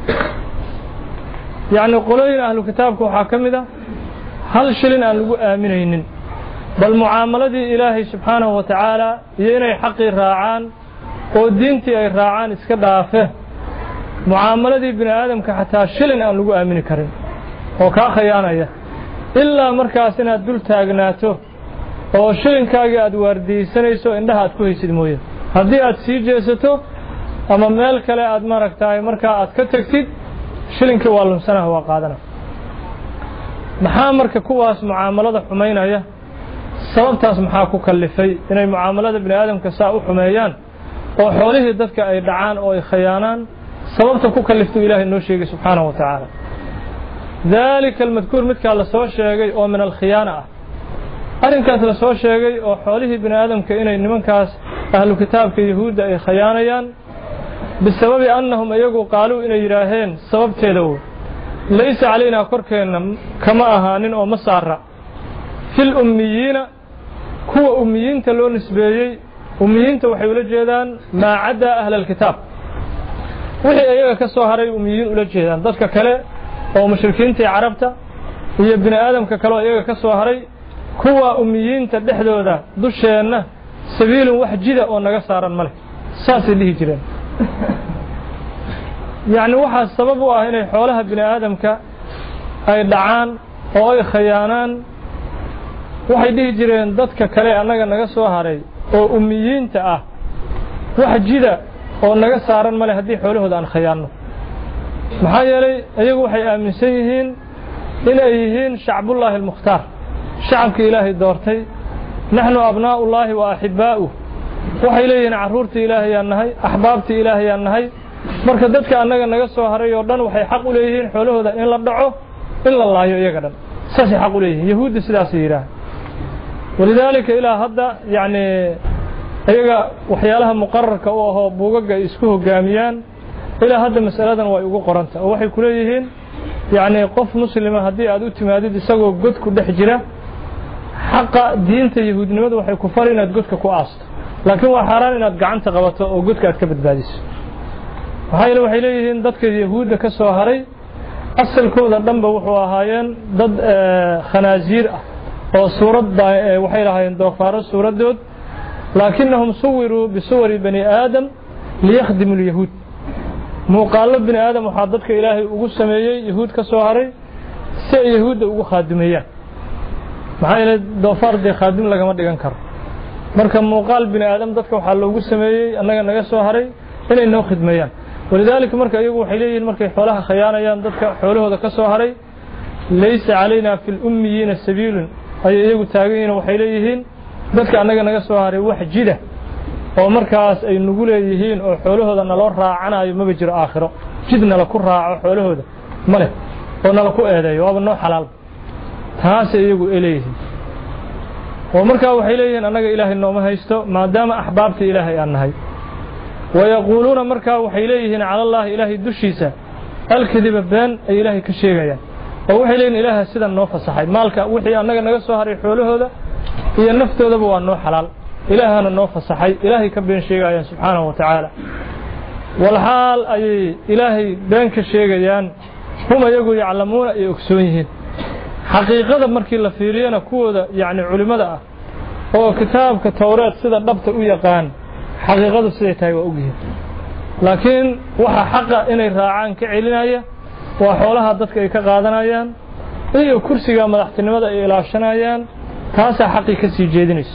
يعني قولين أهل كتابك وحاكم ذا هل شلن أن لقوا آمنين بل معاملة إلهي سبحانه وتعالى يني حقي راعان ودينتي أي راعان اسكدافه معاملة ابن آدم كحتى شلن أن لقوا آمن كرين وكا خيانة إلا مركاسنا دول تاغناته وشلن كاقي أدواردي سنيسو إندها أتكوهي سيدموية هذه أتسيجيستو أما مالك لا أدمارك تاي مركا أتكتكتid شلن كوالن سنة هو قادنا محامرك كواس معاملة حمينة sababtaas maxaa ku kalifay inay muaamalada bini aadamka saa u xumeeyaan oo xoolihii dadka ay dhacaan oo ay khiyaanaan sababta ku kalifto Ilaahay noo sheegay subhanahu wa ta'ala dalika almadkuur midka la soo sheegay oo min alkhiyana ah arinkaas la soo sheegay oo xoolihii bini aadamka inay nimankaas ahlu kitaabka yahuuda ay khiyaanayaan bisababi annahum ayagu qaalu inay yiraaheen sababteeda laysa علينا korkeena kama ahaanin oo masaara fil ummiyiina kuwa ummiyiinta loo nisbeeyay ummiyiinta waxay ula jeedaan ma cada ahli alkitab wixii ayaga ka soo haray ummiyiin ula jeedaan dadka kale oo mushrikiinta carabta iyo bini aadamka kale oo ayaga ka soo haray kuwa ummiyiinta dhexdooda dusheena sabiilun wax jida oo naga saaran male saasi dhihi jireen yaani waxa sabab u ah inay xoolaha bini aadamka ay dhacaan oo ay khiyaanaan waxay dhihi jireen dadka kale anaga naga soo haray oo ummiyiinta ah wax jida oo naga saaran male hadii xoolahooda aan khiyaano maxaa yeelay ayagu waxay aaminsan yihiin inay yihiin shacbullaahi almukhtaar shacabka ilaahay doortay nahnu abnaa'ullaahi wa ahibba'u waxay leeyihiin caruurta ilaahay aan nahay ahbaabta ilaahay aan nahay marka dadka anaga naga soo haray oo dhan waxay xaq u leeyihiin xoolahooda in la dhaco in la laayo iyaga dhan saasi xaq u leeyihiin yahuudi sidaas yiraahdo ولذلك إلى هذا يعني أيها وحيالها مقرر كأوه بوجا يسكوه جاميان إلى هذا مسألة ويقول قرنت وحي كليهن يعني قف مسلمة هدي عدو تمادي يسقوا جد كل حجرة حق دين تيهود نمد وحي كفارين جد كقاصد لكن وحران إن جعنت قوته وجد كأتكبد باديس وهاي لو حيليهن ضد كيهود كسوهري أصل كودا دنبا وحو أهايين ضد خنازير أو صورة وحي لهايين دوفار صورة دود لكنهم صوروا بصور بني آدم ليخدموا اليهود مقالب بني آدم وحاضرك إلهي وقو سميي يهود كسوهري سي يهود وقو خادمية maxaa doofaar de khaadim lagama dhigan karo marka muuqaal bini aadam dadka waxa loogu sameeyay annaga naga soo haray inay noo khidmeeyaan walidaalika marka iyagu waxay leeyihiin markay xoolaha khiyaanayaan dadka xoolahooda ka soo haray laysa alayna fil ummiyiina sabiilun ay iyagu taagayeen waxay leeyihiin dadka annaga naga soo haray wax jida oo markaas ay nugu leeyihiin oo xoolahooda naloo raacanayo ma jiro aakhiro jidna la ku raaco xoolahooda male oo nala ku eedeeyo waaba noo xalaal taas iyagu eleeyeen oo markaa waxay leeyihiin annaga ilaahay nooma haysto maadaama ahbaabta ilaahay aan nahay wayaquluuna markaa waxay leeyihiin cala allah ilaahay dushiisa alkadiba been ay ilaahay ka sheegayaan oo waxay leeyihiin ilaahay sida noo fasaxay maalka wixii annaga naga soo haray xoolahooda iyo naftoodaba waa noo xalaal ilaahana noo fasaxay ilaahay ka been sheegayaan subxaanahu wa tacaala wal xaal ay ilaahay been ka sheegayaan hum iyagu yaclamuuna ay ogsoon yihiin xaqiiqada markii la fiiriyana kuwooda yaani culimada ah oo kitaabka tawreed sida dhabta u yaqaan xaqiiqadu siday tahay waa ogyihiin laakiin waxa xaqa inay raacaan ka celinaya waa xoolaha dadka ay ka qaadanayaan iyo kursiga madaxtinimada ay ilaashanayaan taasa xaqi ka sii jeedinayso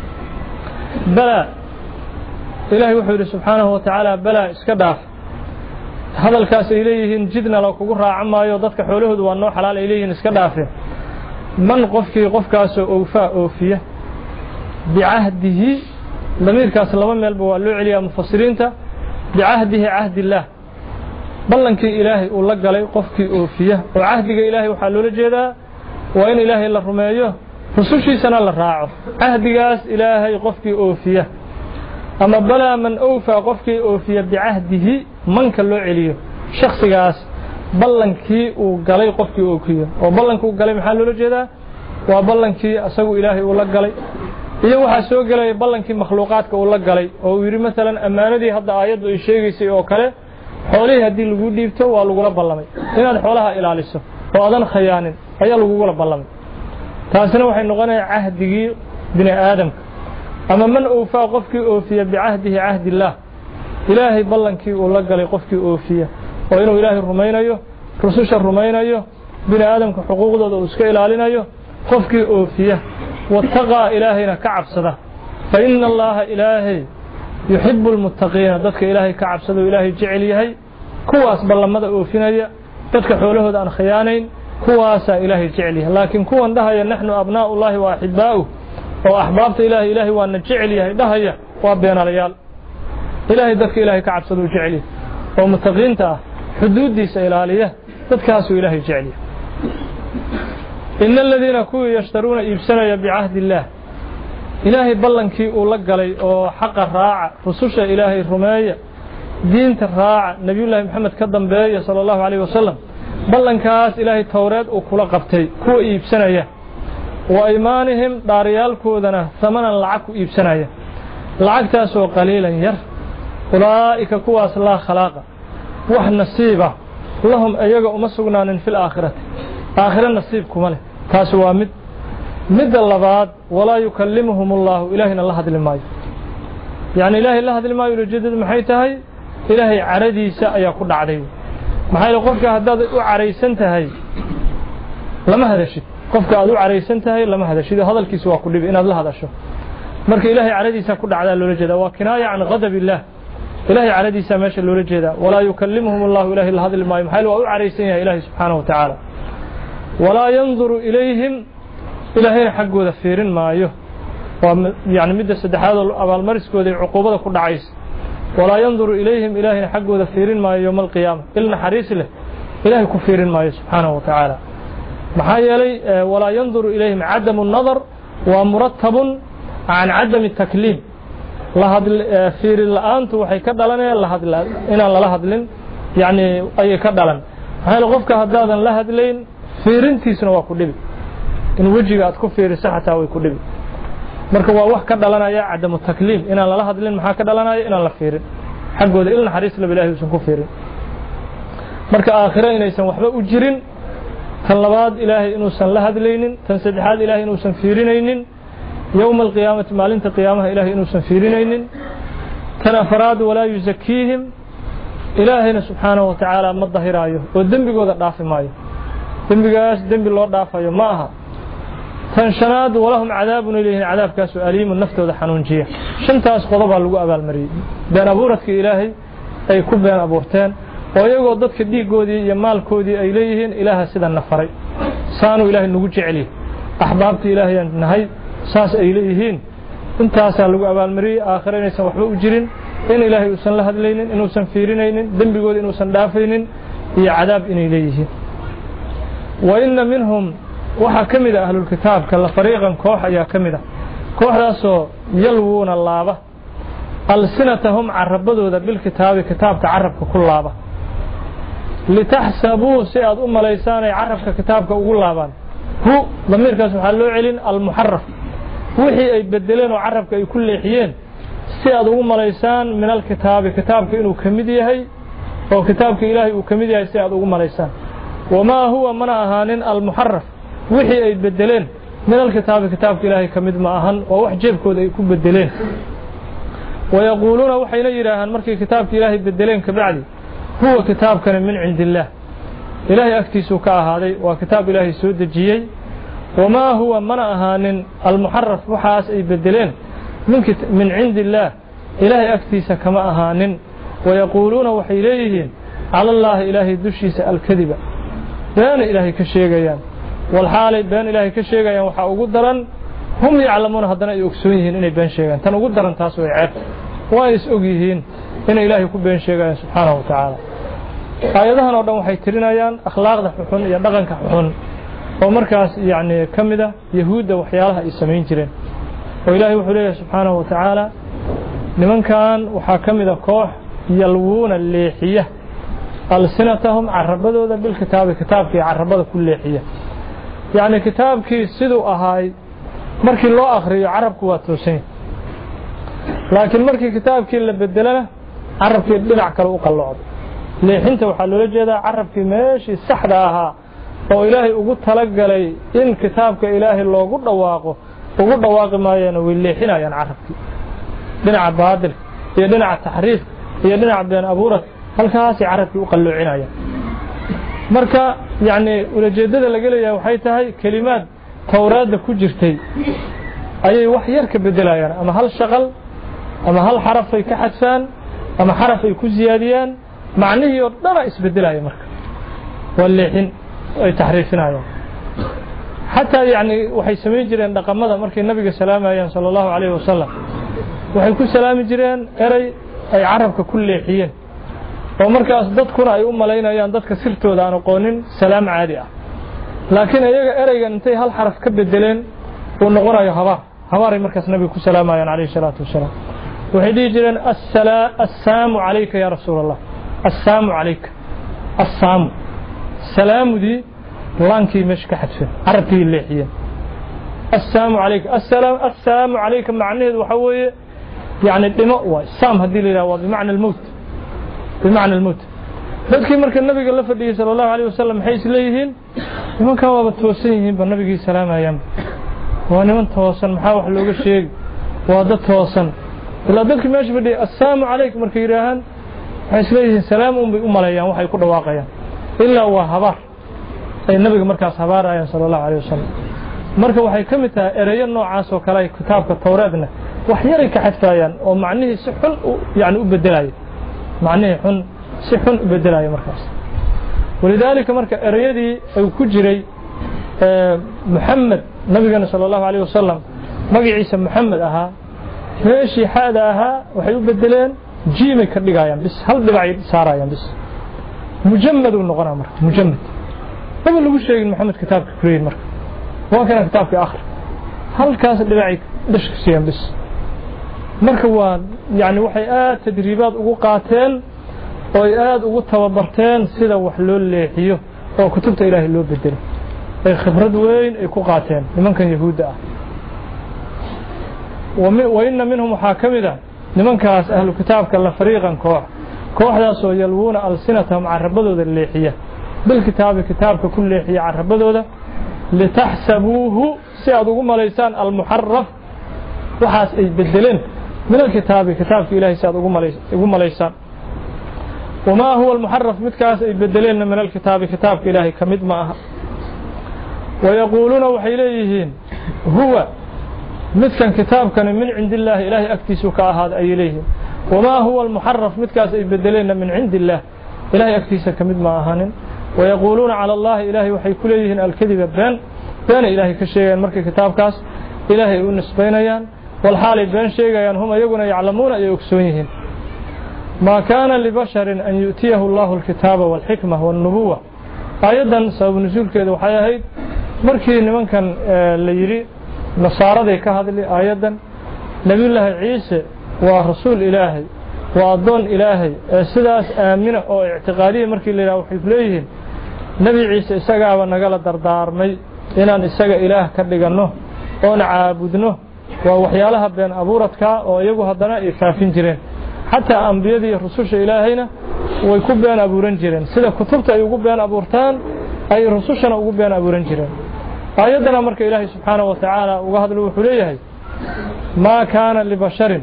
bala ilaahay wuxuu yiri subxaanahu wa ta'ala bala iska dhaaf hadalkaas ay leeyihiin jidna la kugu raacamaayo dadka xoolahoodu waa noo xalaal ay leeyihiin iska dhaafeen man qofkii qofkaas oo oofaa oofiya bi'ahdihi damirkaas laba meelba waa loo celiyaa mufassiriinta bi'ahdihi ahdillaah ballankii ilaahay uu la galay qofkii oofiya oo ahdiga ilaahay waxa loola jeedaa waa in ilaahay la rumeeyo rusushiisana la raaco ahdigaas ilaahay qofkii oofiya ama bala man awfa qofkii oofiya bi'ahdihi manka loo celiyo shakhsigaas ballankii uu galay qofkii ookiyo oo ballankii uu galay maxaa loola jeedaa waa ballankii asagu ilaahay uu la galay iyo waxa soo galay ballankii makhluuqaadka uu la galay oo uu yiri midalan amaanadii hadda aayadu ay sheegaysay oo kale xoolaha hadii lagu dhiibto waa lagu la ballamay inaad xoolaha ilaaliso oo adan khayaanin ayaa lagu la ballamay taasina waxay noqonaysaa ahdigii bini aadamka ama man awfa qofkii oofiya bi'ahdihi ahdillaah ilaahay ballankii uu la galay qofkii oofiya oo inuu ilaahay rumaynayo rususha rumaynayo bini aadamka xuquuqdooda uu iska ilaalinayo qofkii oofiya wattaqa ilaahayna ka cabsada fa inna allaha ilaahay yuhibbu almuttaqiina dadka ilaahay ka cabsado ilaahay jecel yahay kuwaas ballamada oofinaya dadka xoolahooda aan khiyaanayn kuwaas ilaahay jecel yahay laakiin kuwan dhahaya nahnu abnaa'ullahi wa ahibba'uhu oo ahbaabta ilaahay ilaahay waa na jecel yahay dhahaya waa beenalayaal ilaahay dadka ilaahay ka cabsado jecel yahay oo muttaqiinta ah xuduudiisa ilaaliya dadkaas uu ilaahay jecel yahay إن الذين كوا يشترون إبسانيا بعهد الله إلهي بلنكي أولا قلي أو حق الراعة رسوش إلهي الرماية دين الراعة نبي الله محمد كدن بي صلى الله عليه وسلم بلنكاس إلهي التوراة وكلا قبتي كوا إبسانيا وإيمانهم داريال كودنا ثمنا لعكوا إبسانيا لعك تاسو قليلا ير أولئك كواس الله خلاقه وح نصيبه لهم أيقا أمسقنان في الآخرة آخر النصيب كماله تاسوا مد مد اللباد ولا يكلمهم الله إلهنا الله هذا الماء يعني إلهي الله هذا الماء يجدد محيطها إلهي عردي ساء يقول عليه محايل قفك هداد عريسنتهي لما هذا الشيء قفك أدو عريسنتهي لما هذا الشيء هذا الكسوة كله بإن الله هذا الشيء مرك إلهي عردي ساء كل على اللولجة وكناية عن غضب الله إلهي عردي ساء ماشي اللولجة ولا يكلمهم الله إلهي الله هذا الماء محايل وأدو عريسنها إلهي سبحانه وتعالى ولا ينظر إليهم إلهي حقه ذفيرين مايه يعني مدة سدحاد أبا المرس كودي عقوبة كل عيس ولا ينظر إليهم إلهي حقه ذفيرين مايه يوم القيامة إلنا حريص له إلهي كفيرين مايه سبحانه وتعالى محايا لي ولا ينظر إليهم عدم النظر ومرتب عن عدم التكليم لهذا فير الآن توحي كدلنا لهذا إن الله لهذا يعني أي كدلن هاي الغفكة هذا لهذا لين fiirintiisuna waa ku dhibi in wajiga aad ku fiiriso xataa way ku dhibi marka waa wax ka dhalanaya cadamu takliim inaan lala hadlin maxaa ka dhalanaya inaan la fiirin xaqooda ilna xariis la ilaahay usan ku fiirin marka aakhira inaysan waxba u jirin tan labaad ilaahay inuusan la hadlaynin tan saddexaad ilaahay inuusan fiirinaynin yowma alqiyaamati maalinta qiyaamaha ilaahay inuusan fiirinaynin tan afraad walaa yuzakiihim ilaahayna subxaanahu wa tacaala ma dahiraayo oo dembigooda dhaafi maayo dembigaas dembi loo dhaafayo ma aha tan shanaad walahum cadaabun ilayhin cadaabkaasoo aliimun naftooda xanuunjiya shantaas qodobaa lagu abaalmariyey been abuuradkii ilaahay ay ku been abuurteen oo iyagoo dadka dhiiggoodii iyo maalkoodii ay leeyihiin ilaaha sidanna faray saanuu ilaahay nagu jeceliy axbaabtii ilaahayaan nahay saas ay leeyihiin intaasaa lagu abaalmariyey aakhira inaysan waxba u jirin in ilaahay uusan la hadlaynin inuusan fiirinaynin dembigooda inuusan dhaafaynin iyo cadaab inay leeyihiin wa inna minhum waxaa ka mid a ahlulkitaabka la fariiqan koox ayaa ka mid ah kooxdaasoo yalwuuna laaba alsinatahum carabadooda bilkitaabi kitaabka carabka ku laaba litaxsabuu si aad u malaysaan ay carabka kitaabka ugu laabaan hu damiirkaas waxaa loo celin almuxaraf wixii ay bedeleen oo carabka ay ku leexiyeen si aad ugu malaysaan min alkitaabi kitaabka inuu ka mid yahay oo kitaabka ilaahay uu ka mid yahay si aad ugu malaysaan wamaa huwa mana ahaanin almuxaraf wixii ay bedeleen min alkitaabi kitaabka ilaahay ka mid ma ahan oo wax jeebkooda ay ku bedeleen wayaquuluuna waxayna yidhaahaan markay kitaabka ilaahay bedeleen kabacdi huwa kitaabkani min cindi illaah ilaahay agtiisuu ka ahaaday waa kitaab ilaahay soo dejiyey wamaa huwa mana ahaanin almuxaraf waxaas ay bedeleen min cindi illaah ilaahay agtiisa kama ahaanin wayaquuluuna waxay leeyihiin cala allaahi ilaahay dushiisa alkadiba beena ilaahay ka sheegayaan walxaalay been ilaahay ka sheegayaan waxaa ugu daran hum yaclamuuna haddana ay ogsoon yihiin inay been sheegaan tan ugu daran taas way ceeb waa is og yihiin inay ilaahay ku been sheegayaan subxaanahu wa tacaala aayadahan oo dhan waxay tirinayaan akhlaaqda xuxun iyo dhaqanka xuxun oo markaas yacni ka mid ah yahuudda waxyaalaha ay samayn jireen oo ilaahay wuxuu leeyahay subxaanahu wa tacaala nimankan waxaa ka mid a koox yalwuuna leexiya alsinatahum carabadooda bilkitaabi kitaabkii carabada ku leexiya yacni kitaabkii siduu ahaay markii loo akhriyo carabku waa toosan laakiin markii kitaabkii la bedelana carabkii dhinac kale u qallocdo leexinta waxaa loola jeedaa carabkii meeshii saxda ahaa oo ilaahay ugu talagalay in kitaabka ilaahay loogu dhawaaqo ugu dhawaaqi maayeen way leexinayaan carabkii dhinaca baadilka iyo dhinaca taxriifka iyo dhinaca been abuuradka halkaasay carabkii u qalloocinayaan marka yacni ulajeedada laga leeyahay waxay tahay kelimaad towraadda ku jirtay ayay wax yar ka bedelayaan ama hal shaqal ama hal xaraf ay ka xadfaan ama xaraf ay ku ziyaadiyaan macnihii oo dhana isbedelaya marka waa leexin ay taxriifinayaan xataa yacni waxay samayn jireen dhaqamada markay nabiga salaamayaan sala allahu calayhi wasalam waxay ku salaami jireen eray ay carabka ku leexiyeen oo markaas dadkuna ay u malaynayaan dadka sirtooda aan aqoonin salaam caadi ah laakiin iyaga ereygan intay hal xaraf ka bedeleen uu noqonayo habaar habaaray markaas nabiga ku salaamayaan calayhi salaatu wasalaam waxay dhihi jireen assaamu calayka yaa rasuul allah assaamu calayka assaamu salaamudii laankii meesha ka xadfeen carabkii leexiyeen assaamu calayka assalaamu calayka macnaheedu waxaa weeye yacni dhimo waay saam haddii la yidhaha waa bimacna almowt bimacna almowt dadkii marka nabiga la fadhiyey sala allahu alayh wasalam maxay is leeyihiin nimankan waaba toosan yihiinba nabigii salaamayaanba waa niman toosan maxaa wax looga sheegi waa dad toosan ilaa dadkii meesha fadhiyay assaamu calayka markay yidhaahaan waxay is leeyihiin salaam un bay u maleeyaan waxay ku dhawaaqayaan ilaa waa habaar ay nabiga markaas habaarayaan sala allahu alayh wasalam marka waxay ka mid tahay ereyo noocaas oo kale ay kitaabka towraadna wax yaray ka xadfaayaan oo macnihii si xun yani u bedelaya macnihii xun si xun u bedelaya markaas walidaalika marka ereyadii ay ku jiray muxamed nabigana sala allahu alayh wasalam magaciisa muxamed ahaa meeshii xaada ahaa waxay u bedeleen jiimay ka dhigayaan bis hal dhibacay saarayaan bis mujamed uu noqonaa marka mujamed maba lagu sheegin maxamed kitaabka kuleeyin marka waa kana kitaabka akhri halkaas dhibacay dhashka siiyaan bis marka waa yani waxay aad tadriibaad ugu qaateen oo ay aad ugu tababarteen sida wax loo leexiyo oo kutubta ilaahay loo bedelo ay khibrad weyn ay ku qaateen nimankan yahuudda ah wa inna minhum waxaa ka mid ah nimankaas ahlu kitaabka la fariiqan koox kooxdaasoo yalwuuna alsinatahum carabadooda leexiya bilkitaabi kitaabka ku leexiya carabadooda litaxsabuuhu si aad ugu malaysaan almuxaraf waxaas ay bedeleen min alkitaabi kitaabka ilaahay si aad ugu malaysaan wamaa huwa almuxaraf midkaas ay bedeleenna min alkitaabi kitaabka ilaahay ka mid ma aha wayaquuluuna waxay leeyihiin huwa midkan kitaabkani min cindi illaahi ilaahay agtiisu ka ahaada ayay leeyihiin wamaa huwa almuxaraf midkaas ay bedeleenna min cindi illaah ilaahay agtiisa ka mid ma ahanin wayaquuluuna cala allahi ilaahay waxay ku leeyihiin alkadiba been beena ilaahay ka sheegayaan markay kitaabkaas ilaahay u nisbaynayaan walxaalay been sheegayaan hum ayaguna yaclamuuna ay ogsoon yihiin maa kaana libasharin an yu'tiyahu allahu alkitaaba walxikma walnubuwa aayaddan sabab nusuulkeeda waxay ahayd markii nimankan la yidhi nasaaraday ka hadli aayaddan nebiyullaahi ciise waa rasuul ilaahay waa addoon ilaahay ee sidaas aamina oo ictiqaadiya markii la yidhaha waxay ku leeyihiin nebi ciise isagaaba nagala dardaarmay inaan isaga ilaah ka dhiganno oon caabudno waa waxyaalaha been abuuradkaa oo iyagu haddana ay faafin jireen xataa ambiyadii rususha ilaahayna way ku been abuuran jireen sida kutubta ay ugu been abuurtaan ay rusushana ugu been abuuran jireen aayaddana marka ilaahay subxaanahu wa tacaala uga hadlo wuxuu leeyahay maa kaana libasharin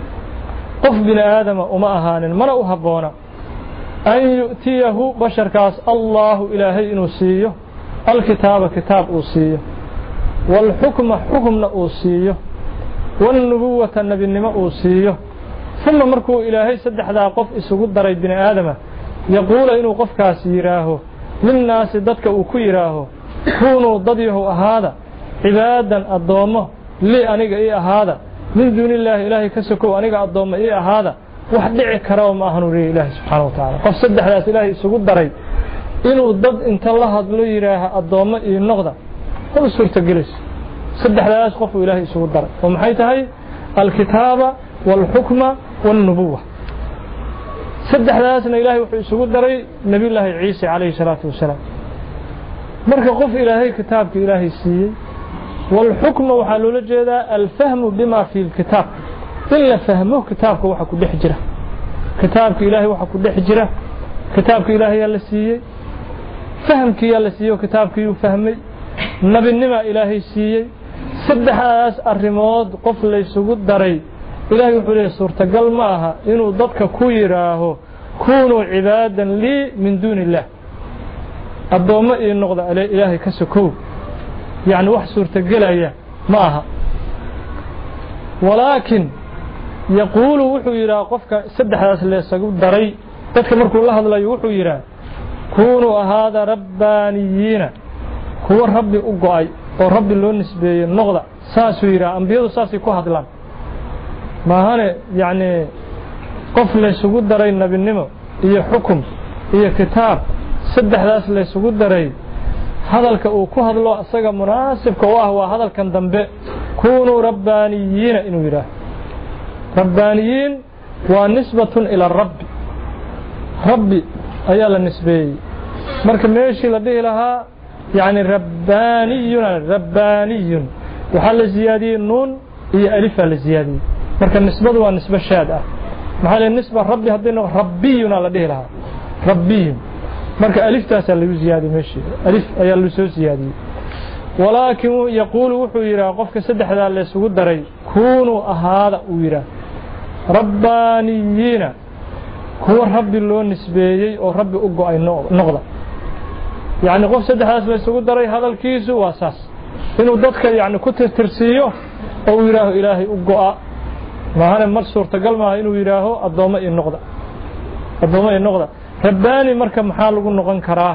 qof bini aadama uma ahaanin mana u habboona an yu'tiyahu basharkaas allaahu ilaahay inuu siiyo alkitaaba kitaab uu siiyo waalxukma xukumna uu siiyo waalnubuwata nebinimo uu siiyo uma markuu ilaahay saddexdaa qof isugu daray bini aadama yaquula inuu qofkaas yidhaaho linnaasi dadka uu ku yidhaaho kuunuu dad yahow ahaada cibaadan addoommo lii aniga ii ahaada min duuni illaahi ilaahay ka sokow aniga addoommo ii ahaada wax dhici karaba ma ahanu leeyahy ilaahay subxaana wa tacala qof saddexdaas ilaahay isugu daray inuu dad inta la hadlo yidhaaha addoommo ii noqda haba suurtagelayso saddexdaas qofuu ilaahay isugu daray oo maxay tahay alkitaaba waalxukma waalnubuwa saddexdaasna ilaahay wuxuu isugu daray nebiyullaahi ciise calayhi salaatu wasalaam marka qof ilaahay kitaabka ilaahay siiyey والحكم وحلو لجدا الفهم بما في الكتاب إلا فهمه كتابك وحا كدح جرة كتابك إلهي وحا كدح جرة كتابك إلهي يلا سيي فهمك يلا سيي وكتابك يفهمي نبي النما إلهي سيي سدحاس الرماد قفل يسوق دري إلهي وحولي صورة قل معها إنو ضدك كويراه كونوا عبادا لي من دون الله الضوء النقضة على إلهي كسكو يعني wax suurtagelaya ma aha walaakin yaqulu wuxuu yiraahdo qofka saddexdaas la isagu daray dadka markuu la hadlayo wuxuu yiraahdo kunu ahada rabbaniyina kuwa rabbi u go'ay oo rabbi loo nisbeeyay noqda saasuu yiraahdo ambiyadu saasay ku hadlaan maahane yani qof la isugu daray nabinimo iyo xukum iyo kitaab saddexdaas la isugu daray hadalka uu ku hadlo asaga munaasibka u ah waa hadalkan dambe kunu rabbaaniyiina inuu yiraahdo rabbaaniyiin waa nisbatun ila rabbi rabbi ayaa la nisbeeyey marka meeshii la dhihi lahaa yani rabbaaniyun rabbaaniyun waxaa la ziyaadiyey nuun iyo alifaa la ziyaadiyey marka nisbadu waa nisbe shaad ah maxaa le nisba rabbi haddii noqo rabbiyuna la dhihi lahaa rabbiyun marka aliftaas lagu ziyaadiyay meeshii alif ayaa la soo ziyaadiyay walaakin yaqulu wuxuu yiraahdo qofka saddexda la isugu daray kunu ahaada uu yiraahdo rabbaaniyiina kuwa rabbi loo nisbeeyay oo rabbi u go'ay noqda yani qof saddexdaas la isugu daray hadalkiisu waa saas inuu dadka yani ku tirtirsiyo oo yiraahdo ilaahay u go'a maahane mar suurtagal maaha inuu yiraahdo addoommo ii noqda addoommo ii noqda رباني مركب محال قلنا غنكرا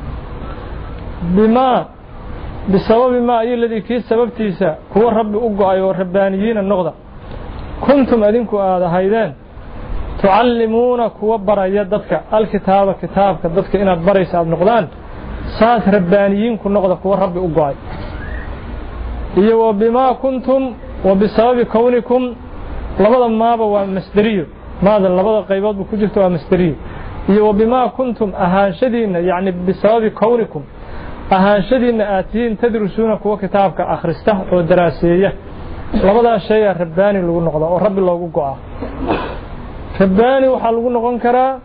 بما بسبب ما أي الذي كي سبب تيسا هو الرب أقعي والربانيين النقضة كنتم أذنكم هذا هيدان تعلمون كوبر يدك الكتاب كتاب كدتك إن أدبريس عبد نقضان سات ربانيين كن نقضة هو الرب أقعي إيه وبما كنتم وبسبب كونكم لبضا ما بوا مستريو ماذا لبضا قيبات بكجلتوا مستريو وبما كنتم أهانشدين يعني بسبب كونكم أهانشدين آتين تدرسون كوا كتابك أخرسته ودراسية لبدا شيء رباني لو نقضى ورب الله قوة رباني وحلو نقون كرا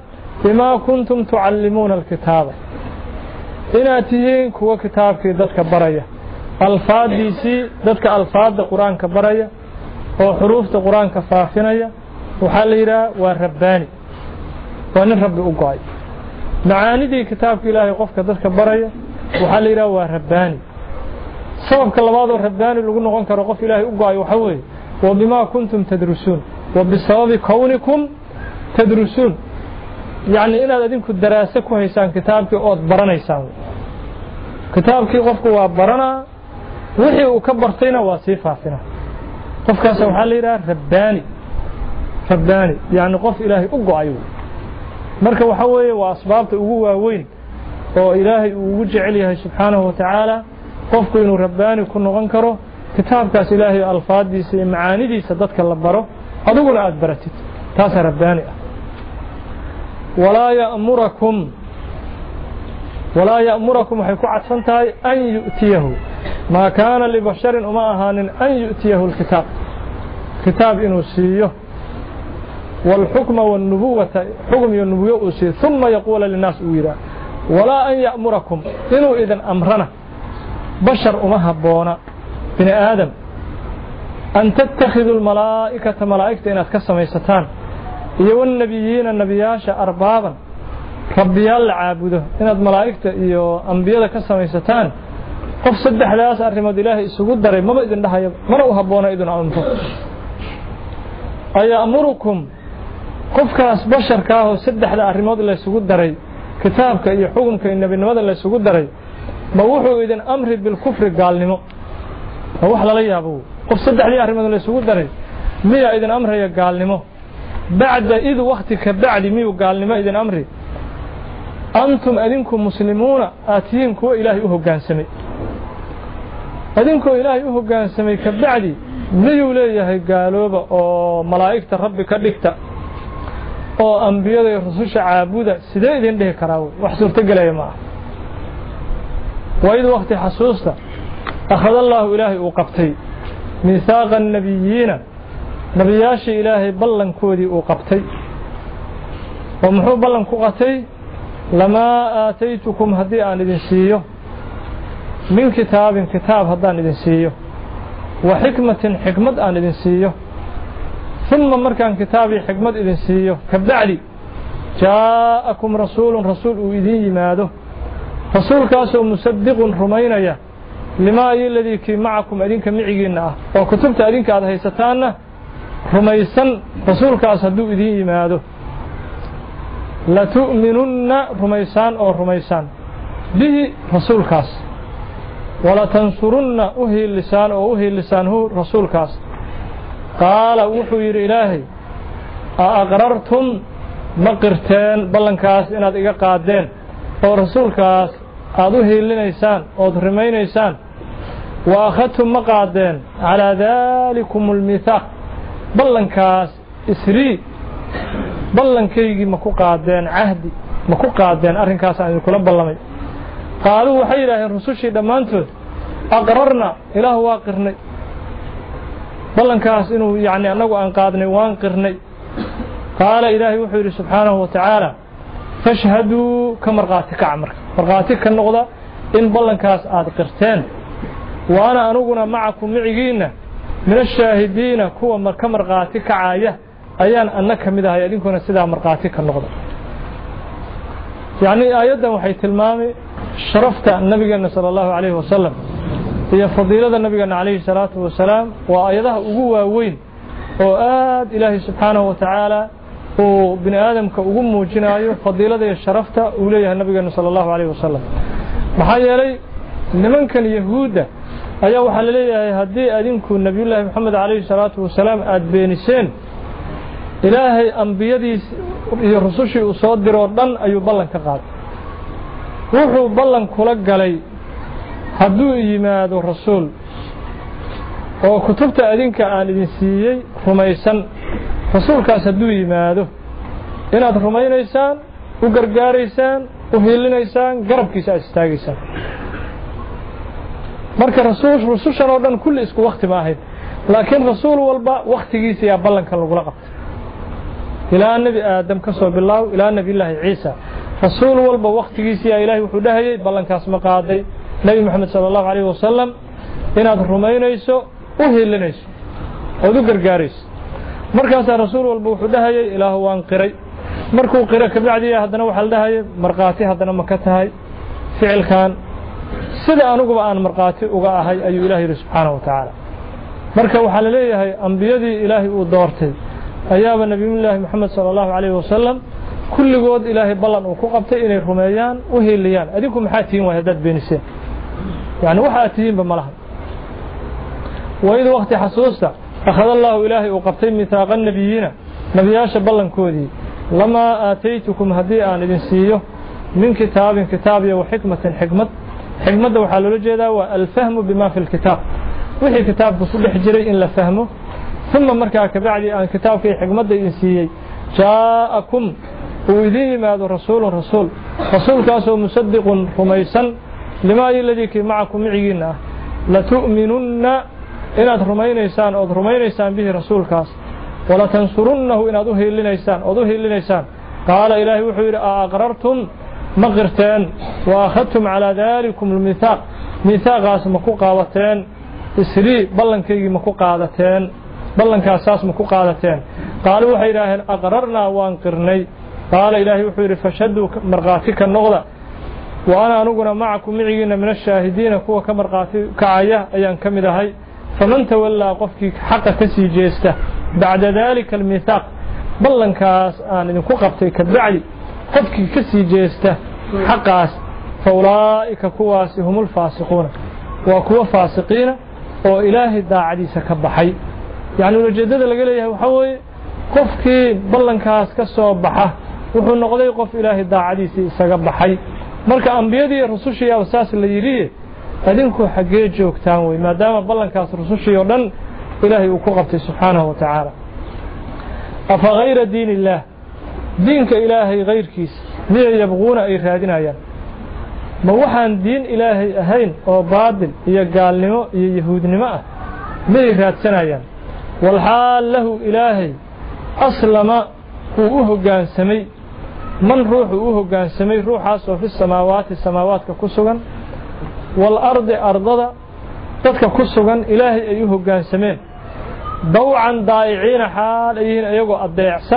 بما كنتم تعلمون الكتاب إن أتيهن كوا كتاب كي دتك برايا الفاظ ديسي دتك الفاظ القرآن كبرايا أو حروف القرآن كفافنيا وحليرا ورباني وأن رب أقعي معاني دي كتاب إلهي قفك دتك برايا وحليرا ورباني سبب كلمات الرباني اللي قلنا قنك رقف إلهي أقعي وحوي وبما كنتم تدرسون وبسبب كونكم تدرسون يعني إن هذا دينك الدراسة كويسان كتابك أو برنا يساوي كتابك قفك وبرنا وحي وكبرتنا وصيفة فينا قفك سبحان الله رباني رباني يعني قف إلهي أقعي مركب وحوي وأسبابته هو وين وإلهي ووجع عليها سبحانه وتعالى قفك إنه رباني كنا غنكره كتابك إلهي الفاظ دي معاني دي سددك اللبره أدوغنا أدبرتت تاسا رباني ولا يأمركم ولا يأمركم حيكون عدفنتهاي أن يؤتيه ما كان لبشر وما أهان أن يؤتيه الكتاب كتاب إنه سيه والحكم والنبوة حكم والنبوة سيه ثم يقول للناس ويرا ولا أن يأمركم إنه إذن أمرنا بشر وما هبونا بني آدم أن تتخذوا الملائكة ملائكة إن أتكسم يستان iyo nabiyiina nabiyaasha arbaaban rabbiyaal caabudo inaad malaa'ikta iyo anbiyada ka samaysataan qof saddexdaas arimood ilaahay isugu daray maba idin dhahayo mana u haboona idin amro ay amurukum qofkaas basharka ah oo saddexda arimood la isugu daray kitaabka iyo xukunka iyo nabinimada la isugu daray ma wuxuu idin amri bil kufri gaalnimo wax la yaabo qof saddexdii arimood la isugu daray miya idin amraya gaalnimo بعد إذ وقتك بعد ميو قال لما إذن أمري أنتم أذنكم مسلمون آتينكم إلهي أهو قان سمي أذنكم إلهي أهو قان سمي كبعدي ميو ليه قالوا أو ملائكة ربك لكتا أو أنبياء رسوش عابودة سيدا إذن له كراوي وحسور تقل يا معه وإذ وقت حسوسة أخذ الله إلهي وقبتي ميثاق النبيين نبياشي إلهي بلن كودي وقبتي ومحو بلن كوقتي لما آتيتكم هدي آن إذن سيو من كتاب كتاب هدان إذن سيو وحكمة حكمة آن إذن سيو ثم مركان كتابي حكمة إذن سيو كبعلي جاءكم رسول رسول إذن يماده رسول كاسو مصدق رمينيا لما أي الذي كي معكم أدينك معيقنا وكتبت أدينك هذا هيستانا رميسان رسول كاسدو إذن يماده لتؤمنن رميسان أو رميسان به رسول كاس ولا تنصرن أهي اللسان أو أهي اللسان هو رسول كاس قال وحوير إلهي أقررتم مقرتين بلن كاس إناد إيقا قادين أو رسول كاس أدوهي لنيسان أو رمينيسان وأخذتم مقادين على ذلكم الميثاق بلن كاس إسري بلن كيجي مكو قادين عهدي مكو قادين أرين كاس عن الكل بلمي قالوا وحيرا الرسول شيء دمانتو أقررنا إله واقرني بلن كاس إنه يعني أنه أنقادني وانقرني قال إلهي وحيري سبحانه وتعالى فاشهدوا كمرقاتك عمر مرقاتك النقضة إن بلن كاس آد قرتين وأنا أنقنا معكم معيقين من الشاهدين كوا كمرقاتك عاية أيان أنك مدها يدينكونا سيدا مرقاتك النقضة يعني آيادا وحي تلمامي شرفت النبي صلى الله عليه وسلم هي فضيلة النبي عليه الصلاة والسلام وآياتها أقوى وين وآد إلهي سبحانه وتعالى وبن آدم كأقوم وجنايه فضيلة شرفت أوليها النبي صلى الله عليه وسلم محايا لي لمن كان يهودا أيها وحل لي هدي أدينكو النبي الله محمد عليه الصلاة والسلام أدبينسين إلهي أنبيادي رسوشي أصدر وردن أيو بلن كقاد وحو بلن كلق علي هدو إيماد الرسول وكتبت أدينك آن إدنسيي رميسان رسول كاس هدو إيماده إناد رمينيسان وقرقاريسان وهيلينيسان قرب كيسا استاقيسان marka rasuul rasuushan oo dhan kulli isku waqti ma ahayd laakiin rasuul walba waqtigiisa ya ballanka lagu la qabtay إلى النبي آدم كسر بالله إلى النبي الله عيسى رسول والب وقت جيسي إلهي وحده بلن كاس مقاضي نبي محمد صلى الله عليه وسلم إن هذا الرمين يسوع وهي اللي نيس وذكر جاريس مركز رسول والب وحده إلى هو انقري مركو قرأ كبعدي هذا نوع حل ده مرقاتي هذا نمكتها فعل كان سيدا أنو قبعان مرقاتي وقاها أي إلهي سبحانه وتعالى مركا وحال ليه أنبيادي إلهي ودورتي أيام النبي الله محمد صلى الله عليه وسلم كل قود إلهي بلان وكوقبتي إني رميان وهي الليان أديكم حاتين وهداد بينسين يعني وحاتين بملهم وإذا وقت حسوستا أخذ الله إلهي وقبتي ميثاق النبيين نبياش بلان كودي لما آتيتكم هديئا لنسيه من كتاب كتابي وحكمة حكمة حكمة وحال لجدا والفهم بما في الكتاب وحي كتاب بصدح جري إن لفهمه ثم مركا كبعدي أن كتاب في حكمة إنسيي جاءكم وإذيه ماذا رسول رسول رسول كاسو مصدق رميسا لما الذي معكم معينا لتؤمنن إن أدرمينيسان أدرمينيسان به رسول كاس ولا تنصرنه إن أدوه لنيسان أدوه لنيسان قال إلهي وحير أقررتم مغرتين وأخذتم على ذلكم الميثاق ميثاق اسمكو قاوتين إسري بلنكي مكو قادتين بلنك أساس مكو قادتين قالوا وحير أقررنا وانقرني قال إلهي وحير فشدوا مرغاتك النغضة وأنا نقول معكم معينا من الشاهدين كوا كمرغاتي كعية أيان كمدهي فمن تولى قفك حق كسي جيسته بعد ذلك الميثاق بلنكاس آن إنكو قبتي كدعي قفك كسي جيسته حقاس فأولئك كواس هم الفاسقون وكوا فاسقين وإلهي داعدي سكبحي يعني الجدد اللي قال وحوي قفك بلنكاس كسو بحه وحو نقضي قف إلهي داعدي سكبحي marka anbiyadii rusushii asaas la yiri adinku xagee joogtaan way maadaama ballankaas rusushii oo dhan ilaahay uu ku qabtay subhanahu wa ta'ala afa ghayra diinillah diinka ilaahay ghayrkiis miyay yabquuna ay raadinayaan ma waxaan diin ilaahay ahayn oo baadil iyo gaalnimo iyo yahuudnimo ah miyay raadsanayaan wal haal lahu ilaahay aslama uu u hoggaansamay من روح وهو كان سمي روحه في السماوات السماوات كسوغان والأرض أرضا تدك كسوغان إلهي أيوه كان سمين ضوعا ضائعين حاليين أيقو الضيعسن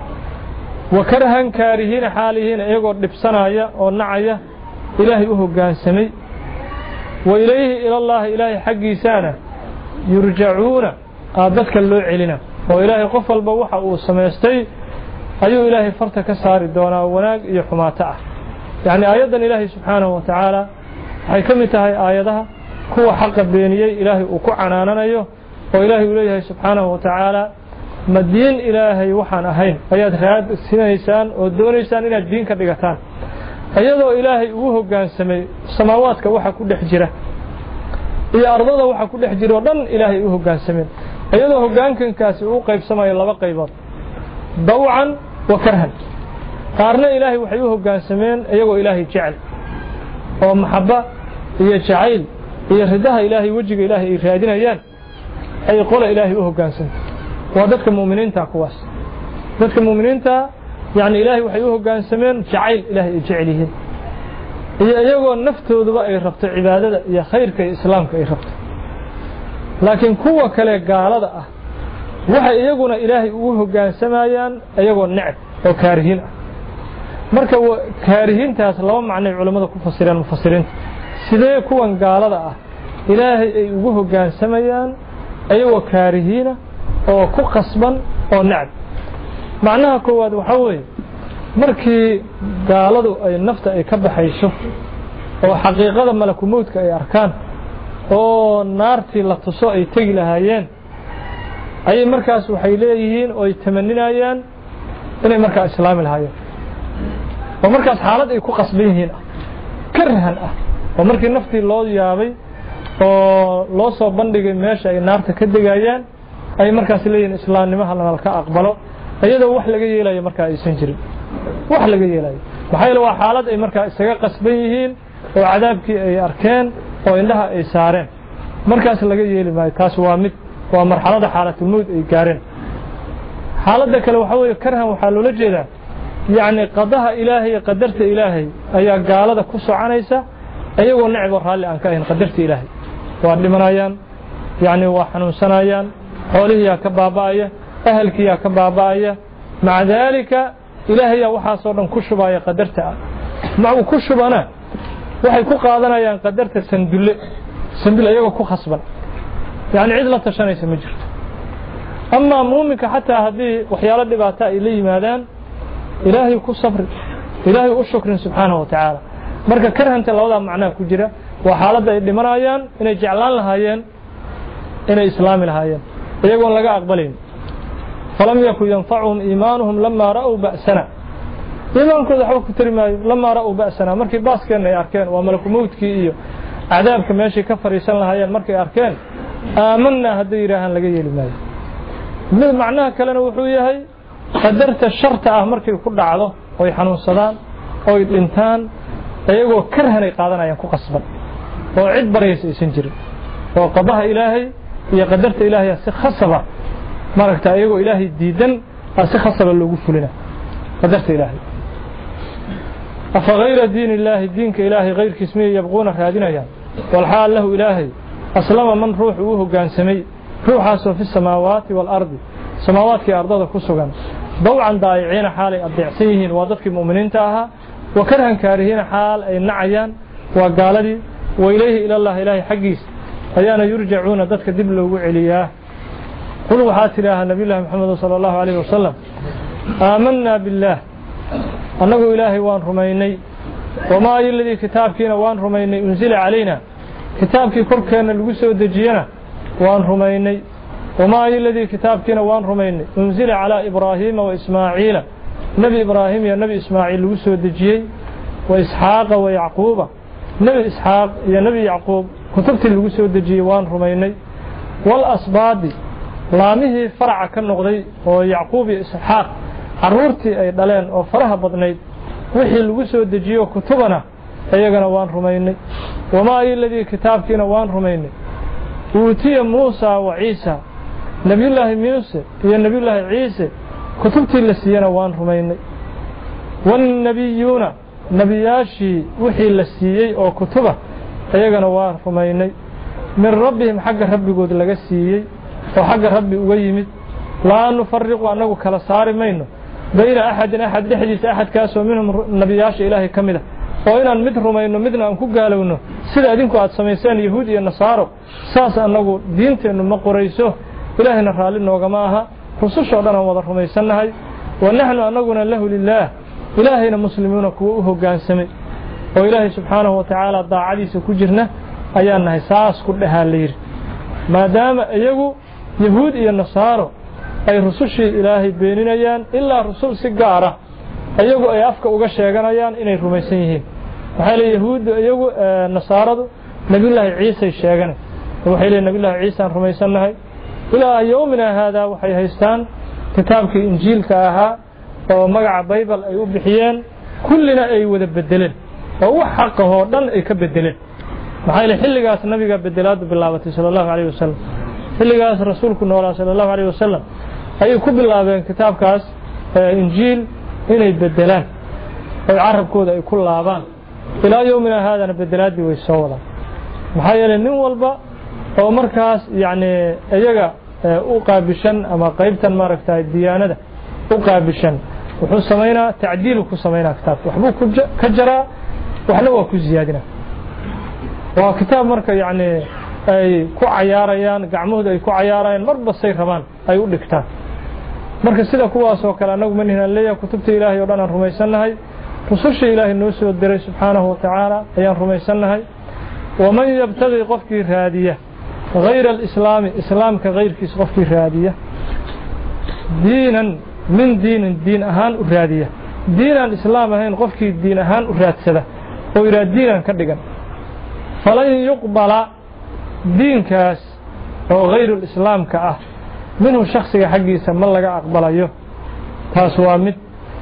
وكرها كارهين حاليين أيقو لبسنايا والنعيا إلهي أيوه كان سمي وإليه إلى الله إلهي حقي سانة يرجعون أبدك اللوع لنا وإلهي قفل بوحة وسميستي أيو إلهي فرتك ساري دونا وناق يحماته يعني آيادا إلهي سبحانه وتعالى هاي كمتها آيادها كو حق بينيي إلهي وكو عناننا أيوه وإلهي إلهي سبحانه وتعالى مدين إلهي وحان أهين آياد خياد سنيسان ودونيسان إلى الدين كدقتان أيضا إلهي وهو كان سمي سماواتك وحا كل حجرة إيا أرضا وحا كل حجرة ودن إلهي وهو كان سمي أيضا هو كان كان كاسي وقيب سماي الله وقيبات ضوعا وكرها قارنا إلهي وحيوه كان سمين أيقو إلهي جعل ومحبة هي جعيل هي ردها إلهي وجه إلهي إرهادين أيان أي قول إلهي وهو كان سمين وذلك المؤمنين تاكواس ذلك المؤمنين تا يعني إلهي وحيوه كان سمين جعيل إلهي جعله هي أيقو النفط وذباء ربط عبادة هي خير كإسلام كإربط لكن كوة كلا قال هذا waxay iyaguna ilaahay ugu hoggaansamayaan iyagoo necab oo kaarihiin ah marka kaarihiintaas laba macno ay culimadu ku fasireen mufassiriinta sidee kuwan gaalada ah ilaahay ay ugu hoggaansamayaan iyagoo kaarihiina oo ku qasban oo necab macnaha koowaad waxa weeye markii gaaladu ay nafta ay ka baxayso oo xaqiiqada malakumoodka ay arkaan oo naartii la tuso ay tagi lahaayeen أي مركز وحيليهين أو يتمنينيان إنه مركز إسلام الهاي ومركز حالات يكون قصبين هنا كرها ومركز نفتي الله يابي الله صوبندق ماشي أي نار تكدقايان أي مركز لين إسلام لما هلا نلقى أقبله أيضا وحلا جي لا مركز يسنجري وحلا جي لا وحيل وحالات أي مركز استجا قصبين وعذابك أي أركان وإنها أي سارين مركز لقى جي ما يتاس وامد ومرحلة حالة الموت أي كارين حالة كلا وحوي كرها وحلو لجدا يعني قضاها إلهي قدرت إلهي أي قال هذا كسر عنيسة أيوة نعبر هالي أن كائن قدرت إلهي وعلي منايان يعني وحنو سنايان حوله يا كباباية أهلك يا كباباية مع ذلك إلهي وحاصرا كشبايا قدرتها معه كشبنا waxay ku qaadanayaan qadarta sandule sandule ayaga ku khasban yani cid la tashanaysa ma jirto amma muuminka hatta hadii waxyaalo dhibaato ay la yimaadaan ilaahay ku sabri ilaahay u shukrin subhanahu wa ta'ala marka karhanta labada macna ku jira waa xaaladda ay dhimanayaan inay jeclaan lahaayeen inay islaami lahaayeen iyagoo laga aqbalin falam yakun yanfa'uhum iimanuhum lamma ra'u ba'sana iimaankooda waxba ku tari maayo lama ra'u ba'sana markii baaskeena ay arkeen waa malaku mawdkii iyo cadaabka meeshii ka fariisan lahaayeen markay arkeen aamanna haddii yiraahan laga yeeli maayo mid macnaha kalena wuxuu yahay qadarta sharta ah markay ku dhacdo oo ay xanuunsadaan oo ay dhintaan ayagoo karhanay qaadanayaan ku qasban oo cid baraysa aysan jirin oo qadaha ilaahay iyo qadarta ilaahay si khasaba maragta ayagoo ilaahay diidan si khasaba loogu fulina qadarta ilaahay أفغير دين الله دينك إلهي غير كسمي يبغون رادنا يعني والحال له إلهي أسلم من روح وهو كان سمي روح في السماوات والأرض سماوات كأرض كسوغان ضوعا ضايعين حال الضعسيهن وضدك المؤمنين تاها وكرها كارهين حال أي النعيان وقال لي وإليه إلى الله إلهي حقيس أيانا يرجعون ضدك دبل وعلياه قلوا حات إله النبي الله محمد صلى الله عليه وسلم آمنا بالله أنه إلهي وان رميني وما الذي كتابكنا وان رميني أنزل علينا كتابك كركنا الوسو دجينا وان رميني وما الذي كتابكنا وان رميني أنزل على إبراهيم وإسماعيل نبي إبراهيم يا نبي إسماعيل الوسو دجي وإسحاق ويعقوب نبي إسحاق يا نبي يعقوب كتبت الوسو دجي وان رميني والأصباد لامه فرع كالنغضي ويعقوب إسحاق caruurtii ay dhaleen oo faraha badnayd wixii lagu soo dejiyo kutubana ayagana waan rumaynay wama illadii kitaabkiina waan rumaynay uutiya Muusa wa Ciisa nabiyullaahi Muuse iyo nabiyullaahi Ciise kutubtii la siiyana waan rumaynay wan nabiyuna nabiyaashi wixii la siiyay oo kutuba ayagana waan rumaynay min rabbihim xagga rabbigood laga siiyay oo xagga rabbi uga yimid laa nufarriqu anagu kala saari mayno بين أحد أحد لحديث أحد كاسو منهم نبياش إلهي كمده وإن مد رمينو مدنا أنكو قالونه سيدا دينكو عاد سميسان يهودي النصارى ساسا أنه دينتي أنه مقريسوه إلهي نفعلنا وقماها رسوش عدنا وضر رميسانها ونحن أنقنا له لله إلهينا مسلمون كوه قان سمي وإلهي سبحانه وتعالى ضاع عديس كجرنا أيانها ساس كلها اللير ما دام أيقو يهودي النصارى ay rusushii ilaahay beeninayaan ilaa rusul si gaar ah ayagu ay afka uga sheeganayaan inay rumaysan yihiin waxa la yahuud ayagu nasaaradu nabiyullaahi ciise sheegan waxay leeyahay nabiyullaahi ciise aan rumaysanahay ilaa yoomina hada waxay haystaan kitaabkii injiilka ahaa oo magaca bible ay u bixiyeen kullina ay wada bedeleen oo wax xaq ah oo dhan ay ka bedeleen maxay leeyahay xilligaas nabiga bedelaad bilaabatay sallallahu alayhi wasallam xilligaas rasuulku noolaa sallallahu alayhi wasallam ay ku bilaabeen kitaabkaas injiil inay bedelaan oo carabkooda ay ku laabaan ilaa yoomina haadana bedelaadii way soo wadaan maxaa yeelay nin walba oo markaas yaani iyaga u qaabishan ama qaybtan maaragtay diyaanada u qaabishan wuxuu sameeynaa tacdiil ku sameeynaa kitaabka waxbuu ku ka jaraa waxna waa ku ziyaadina waa kitaab marka yaani ay ku cayaarayaan gacmahooda ay ku cayaarayaan marba say rabaan ay u dhigtaan marka sida kuwaas oo kale anagu manina leeyahay kutubta ilaahay oo dhan aan rumaysanahay rususha ilaahay noo soo diray subhanahu wa ta'ala ayaan rumaysanahay waman yabtaghi qofkii raadiya غير الإسلام إسلام كغير كيس قفكي رادية دينا من دين دين أهان رادية دين الإسلام أهان قفكي دين أهان راد سده ويراد دينا كدقا فلن يقبل دين كاس أو غير الإسلام كأه منه شخص حقي سمى لك أقبل أيه تاسوا مد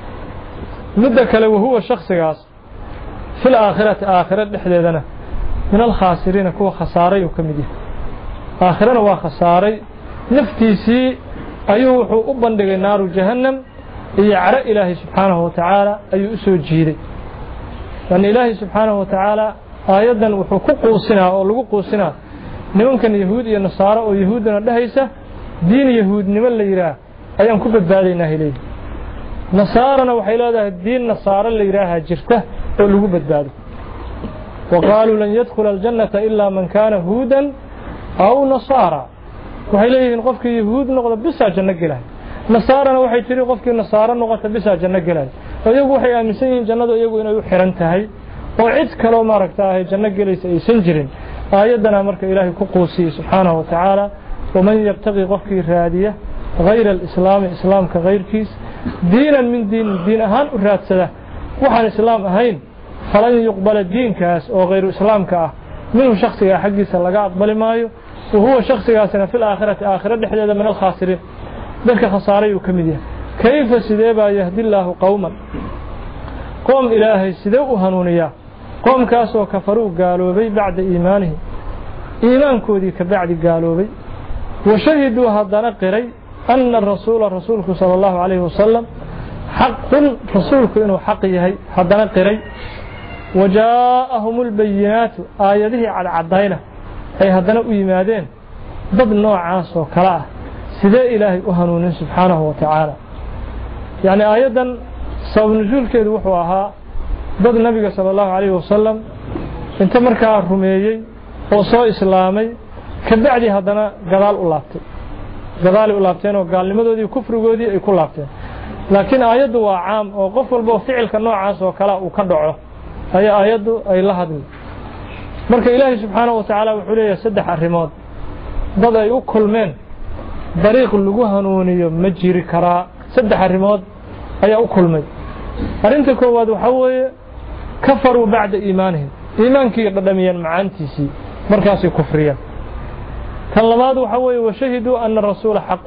مدك لو هو شخص كاس في الآخرة آخرة لحديدنا من الخاسرين كوا خساري وكمديه آخرنا waa khasaaray naftiisii ayuu wuxuu u bandhigay naaru jahannam iyo cara ilaahay subxaanahu watacaala ayuu u soo jiiday lan ilaahay subxaanahu watacaala aayadan wuxuu ku quusinaa oo lagu quusinaa nimankan yahuud iyo nasaaro oo yahuudana dhahaysa diin yahuudnimo la yiraahdo ayaan ku badbaadaynaa ilaahay nasaarana waxay leedahay diin nasaaro la yiraahdo jirta oo lagu badbaado وقالوا لن يدخل الجنة إلا من كان هودا أو نصارى waxay leeyihiin qofkii yahuud noqdo bisa janno galay nasaarana waxay tiri qofkii nasaaro noqdo bisa janno galay iyagu waxay aaminsan yihiin jannadu iyagu inay u xiran tahay oo cid kale oo maaragtay janno galaysa aysan jirin aayadana marka ilaahay ku quusiyay subhanahu wa ta'ala waman yabtaqi qofkii raadiya غير الإسلام إسلام كغير كيس دينا من دين دين أهان وراتسده وحن إسلام أهين فلن يقبل الدين كاس أو غير إسلام كاه منه شخص حقي سلقا أقبل مايو وهو شخص ياسنا في الآخرة آخرة لحدث من الخاسرين ذلك خساري وكمدية كيف سيديبا يهدي الله قوما قوم إلهي سيديو هنونيا قوم كاسو كفروا قالوا بي بعد إيمانه إيمان كودي كبعد قالوا بي وشهدوا هذا قري أن الرسول رسولك صلى الله عليه وسلم حق رسولك إنه حقيه هذا قري وجاءهم البينات آياته على عدينه أي هذا ويمادين ضد نوع عاص وكلاه سيد إلهي أهنون سبحانه وتعالى يعني آيادا سوف نزول كيد وحوها ضد النبي صلى الله عليه وسلم انت مركا رميي وصو إسلامي كبعدي هذا قضال أولابتي قضال أولابتين وقال لماذا كفر قودي أي كلابتين لكن آياده عام وقف والبو فعل كنوع عاص وكلاه وكدعه هي آياده أي لهدي marka ilaahay subhanahu wa ta'ala wuxuu leeyahay saddex arimood dad ay u kulmeen dariiq lagu hanuuniyo ma jiri kara saddex arimood ayaa u kulmay arinta koowaad waxa weeye kafaru ba'da iimaanihim iimaankii dhadhamiyeen macaantiisi markaas ay kufriyeen tan labaad waxa weeye washahidu anna rasuul xaq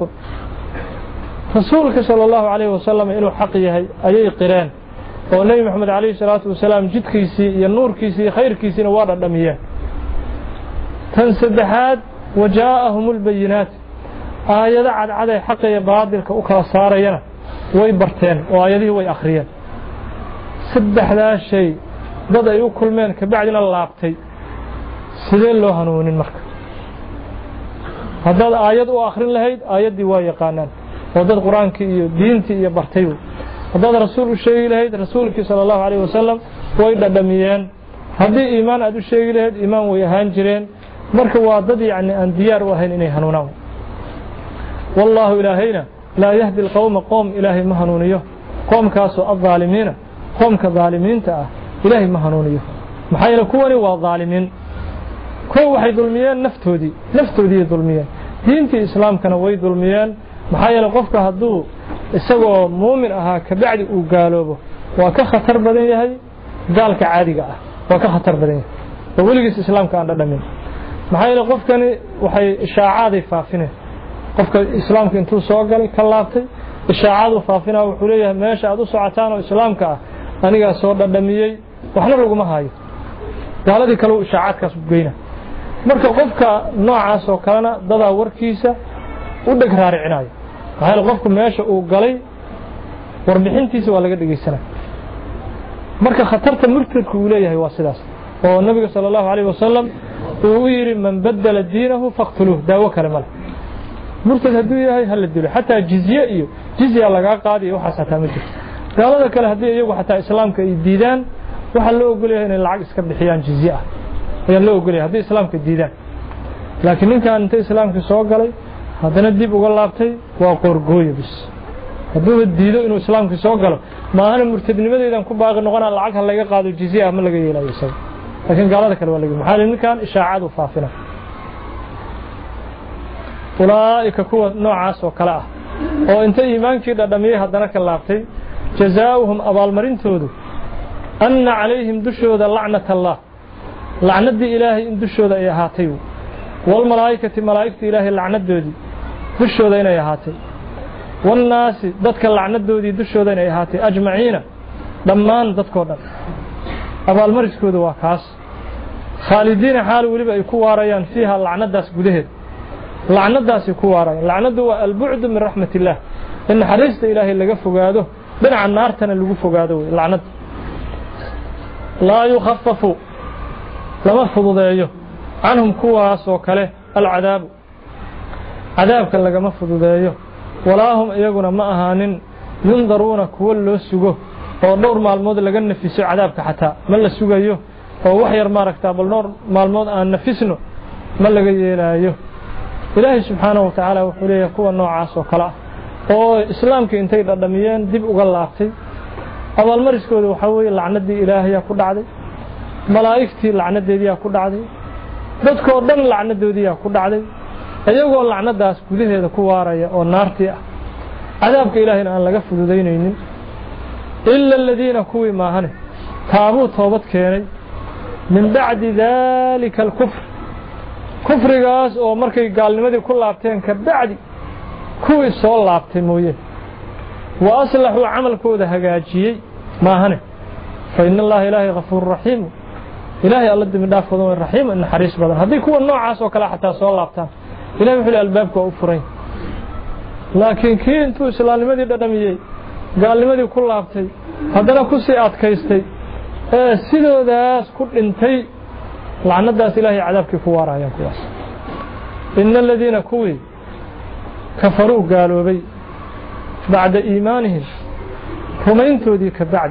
rasuulka sallallahu alayhi wasallam inuu xaq yahay ayay qireen oo nabi maxamed alayhi salaatu wasalaam jidkiisii iyo nuurkiisii iyo khayrkiisina waa dhadhamiyeen tan saddexaad wajaa'ahumul bayinaat aayada cadcad ay xaq iyo baadilka u kala saarayana way barteen oo aayadihii way akhriyeen saddexdaas shay dad ay u kulmeen ka bacdina laabtay sidee loo hanuunin marka haddaad aayad u akhrin lahayd aayaddii waa yaqaanaan oo dad qur-aankii iyo diintii iyo bartay haddaad rasuul u sheegi lahayd rasuulkii sala allahu calayhi wasalam way dhadhamiyeen haddii iimaan aad u sheegi lahayd iimaan way ahaan jireen marka waa dad yacni aan diyaar u ahayn inay hanuunaan wallaahu ilaahayna laa yahdi alqowma qoom ilaahay ma hanuuniyo qoomkaasoo addaalimiina qoomka daalimiinta ah ilaahay ma hanuuniyo maxaa yeele kuwani waa daalimiin kuwa waxay dulmiyeen naftoodii naftoodii dulmiyeen diintii islaamkana way dulmiyeen maxaa yeele qofka hadduu isagoo muumin ahaa ka bacdi uu gaaloobo waa ka khatar badan yahay gaalka caadiga ah waa ka khatar badan yahay oo weligiis islaamka aan dhadhamin maxaa yeele qofkani waxay ishaacaday faafineen qofka islaamka intuu soo galay ka laabtay ishaacadu faafinaa wuxuu leeyahay meesha aad u socotaan oo islaamka ah anigaa soo dhadhamiyey waxna laguma hayo gaaladii kale uu ishaacadkaas u geyna marka qofka noocaas oo kalena dadaa warkiisa u dheg raaricinayo maxaa qofku meesha uu galay warbixintiisa waa laga dhageysanaa marka khatarta murtadku uu leeyahay waa sidaas oo nabiga sallallahu alayhi wasallam uu yiri man badala diinahu faqtuluhu daawo kale male murtad hadduu yahay hal dilo xataa jizya iyo jizya laga qaadiyo waxa xataa ma jirto gaalada kale haddii iyagu xataa islaamka ay diidaan waxa loo ogol yahay inay lacag iska bixiyaan jizya ah ayaa loo ogol yahay haddii islaamka diidaan laakiin ninkan inta islaamka soo galay haddana dib uga laabtay waa qorgooyo bis hadduu diido inuu islaamka soo galo maahana murtadnimadeedan ku baaqi noqonaa lacag ha laga qaado jizya ama laga yeelayo isaga laakiin gaalada kale waa laga maxaa ninkan ishaacadu faafina ulaa'ika kuwa noocaas oo kale ah oo inta iimaankii dhadhamiyay haddana ka laabtay jazaa'uhum abaalmarintoodu anna calayhim dushooda lacnat allah lacnadii ilaahay in dushooda ay ahaatay walmalaa'ikati malaa'igta ilaahay lacnadoodii dushooda inay ahaatay wannaasi dadka lacnadoodii dushooda inay ahaatay ajmaciina dhammaan dadkoo dhan abaalmariskooda waa kaas khaalidiina xaal weliba ay ku waarayaan fiiha lacnadaas gudaheed لعنة داسي كوارا لعنة هو البعد من رحمة الله إن حريصة إلهي اللي فقاده بنع النار تنا اللي فقاده لعنة لا يخففوا لما فضوا عنهم كواس وكله العذاب عذابك اللي ما فضوا ولا هم يقولون ما أهانين ينظرون كل سجوا ونور مع المود اللي جن في عذابك حتى ما اللي سجوا هو وحير ما ركتاب النور مع المود أن نفسنا ما اللي جي له إلهي سبحانه وتعالى وحوليه كوا النوع عاص وكلا أو إسلام كإنتي الدميان دب وقلعتي أول مرة كده وحوي لعنة دي إلهي كل عادي ملائكتي لعنة دي كل عادي dadkoo dhan lacnadoodiya ku dhacday ayagoo lacnadaas gudaheeda ku waaraya oo naartii ah cadaabka ilaahayna aan laga fududeynaynin illa alladina kuwi maahane taabu toobad keenay min ba'di dhalika al-kufr kufrigaas oo markay gaalnimadii ku laabteen ka bacdi kuwi soo laabtay mooyee wa aslahu amalkooda hagaajiyay maahane fa inna allaha ilaahi ghafuurur rahiim إلهي الله دم دافع ذو الرحيم إن حريص بدر هذه كل النوع عاص وكلا حتى صلى الله عليه إلهي في الألباب كأفرين لكن كي أنتو سلام لماذا دمية قال لماذا كل عبتي هذا كل سيئات كيستي سيدو داس كل انتي لعنة داس إلهي عذابك فوارا يا كواس إن الذين كوي كفروا قالوا بي بعد إيمانهم هم انتو ديك بعد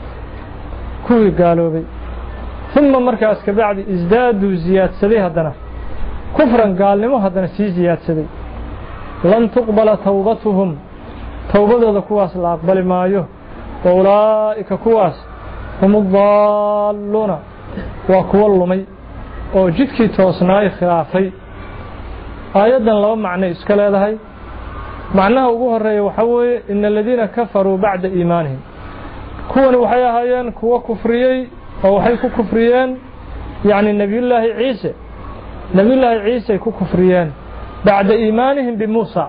كوي قالوا بي ثم مركز كبعد ازدادوا زياد سدي هدنا كفرا قال لما هدنا سي زياد سدي لن تقبل توبتهم توبة كواس لا أقبل مايو وأولئك كواس هم الضالون وكوال مي وجدك توسناي خلافي آيادا لو معنى إسكال هذا هاي معناها أبوه الرأي وحوي إن الذين كفروا بعد إيمانهم كون وحيا هايان كوا كفريي أو حيكو كفريان يعني نبي الله عيسى نبي الله عيسى يكو كفريان بعد إيمانهم بموسى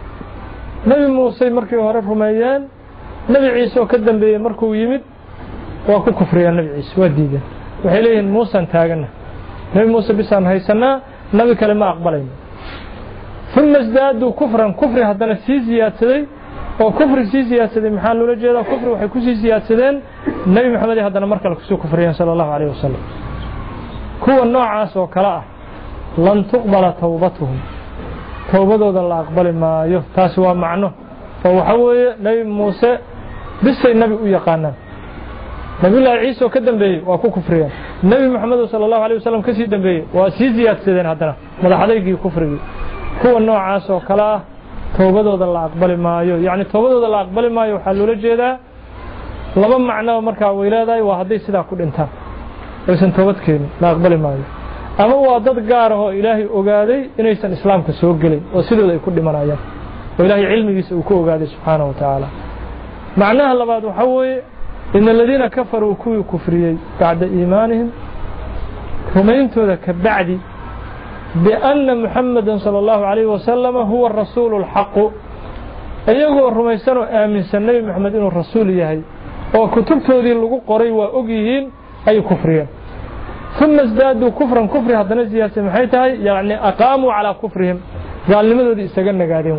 نبي موسى مركو هرفهم أيان نبي عيسى وكدن بمركو يمد وكو كفريان نبي عيسى وديدا وحيليه موسى انتاقنا نبي موسى بسان هيسنا نبي كلمة أقبلين ثم ازدادوا كفرا كفر هدنا سيزيات سدي oo kufri siyaasada maxaa loo jeedaa kufri waxay ku siyaasadeen nabi maxamed hadana markale ku soo kufriyeen sallallahu alayhi wasallam kuwa noocaas oo kala ah lan tuqbala tawbatuhum tawbadooda la aqbali maayo taas waa macno oo waxa weeye nabi muuse bisay nabi u yaqaanaan nabi allah ciise oo ka dambeeyay waa ku kufriyeen nabi maxamed sallallahu alayhi wasallam ka sii dambeeyay waa sii siyaasadeen hadana madaxdaygii kufrigi kuwa noocaas oo kala ah توبدودا لا أقبل مايو يعني توبدودا لا أقبل مايو حلو لجيدا لما معنى مركا ويلاداي وهدي سدا كل انتهى ويسن توبد كين لا أقبل مايو أما هو ضد قاره إلهي أقادي إنه يسن إسلام كسوق لي وسيدو ذي كل منايا وإلهي علمي يسوكو أقادي سبحانه وتعالى معناها اللي بعد حوي إن الذين كفروا كوي كفريي بعد إيمانهم هم ينتو ذاك بعدي بأن محمد صلى الله عليه وسلم هو الرسول الحق أيغو الرميسان آمن سنة محمد إنه الرسول يهي وكتبته ذي اللقو قري وأقيهين أي كفرين ثم ازدادوا كفرا كفر هذا نزيها سمحيتها يعني أقاموا على كفرهم قال لماذا ذي استقلنا قادين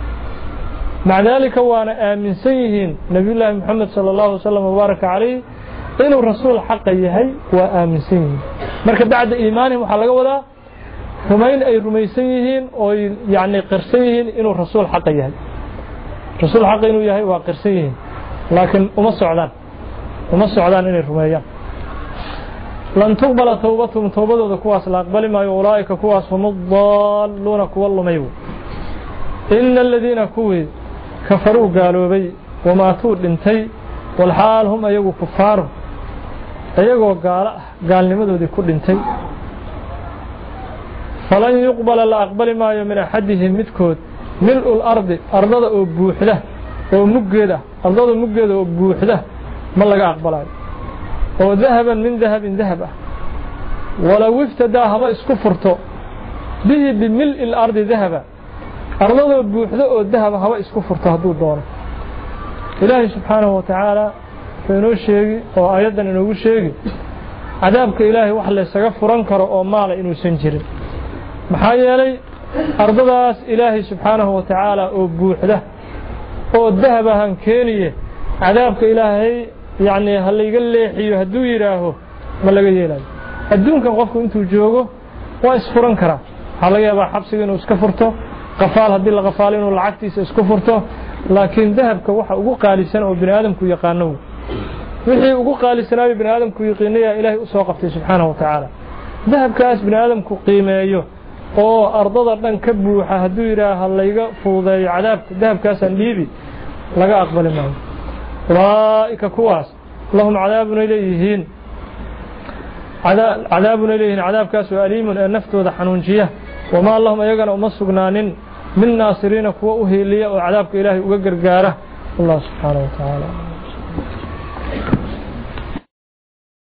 مع ذلك وانا آمن سيهين نبي الله محمد صلى الله عليه وسلم وبارك عليه إنه الرسول الحق يهي وآمن سيهين مركب بعد إيمانهم وحلقوا ذا همين أي رميسيهين أو يعني قرسيهين إنه الرسول حق يهي رسول حق إنه يهي وقرسيهين لكن أم السعودان أم السعودان إنه رميان لن تقبل توبتهم توبتهم كواس لا أقبل ما أولئك كواس هم الضالون كوالله ميو إن الذين كوي كفروا قالوا بي وماتوا لنتي والحال هم أيقوا كفار أيقوا قال قال لماذا دي كل لنتي فلن يقبل لا أقبل ما من أحدهم متكود ملء الأرض أرض أبوحده ومجده أرض مجده وبوحده ما لقى أقبله وذهبا من ذهب ذهبه ولو افتدى هذا اسكفرته به بملء الأرض ذهبا أرض أبوحده والذهب هذا اسكفرته هذو الدور إلهي سبحانه وتعالى فإنه شيء وأيضا إنه شيء عذابك إلهي وحل يسقف رنكر أو مال إنه سنجر maxaa yeelay أرضاس إلهي سبحانه وتعالى وبوحده والذهب هنكينيه عذابك إلهي يعني هل يقول لي حيو هدو يراهو ما لقى يلاه الدون كان قفكم انتو جوجو واسفرن كرا هل يابا حبسي انو اسكفرته قفال هدي لغفالين والعكتيس اسكفرته لكن ذهبك وحا ugu qaalisan oo bini aadamku yaqaano wixii ugu qaalisanaa bini aadamku yaqaanaya ilaahay u soo qabtay subhanahu wa ta'ala dahabkaas bini aadamku qiimeeyo oo ardada dhan ka buuxa haduu yiraaha layga fuudeeyo cadaabka dahabkaas aan dhiibi laga aqbali maayo ulaa'ika kuwaas lahum cadaabun ilayhiin cadaabun ilayhiin cadaabkaas oo aliimun ee naftooda xanuunjiya wama allahum ayagana uma sugnaanin من ناصرين كوا أهلية وعذابك إلهي وقرقاره الله سبحانه وتعالى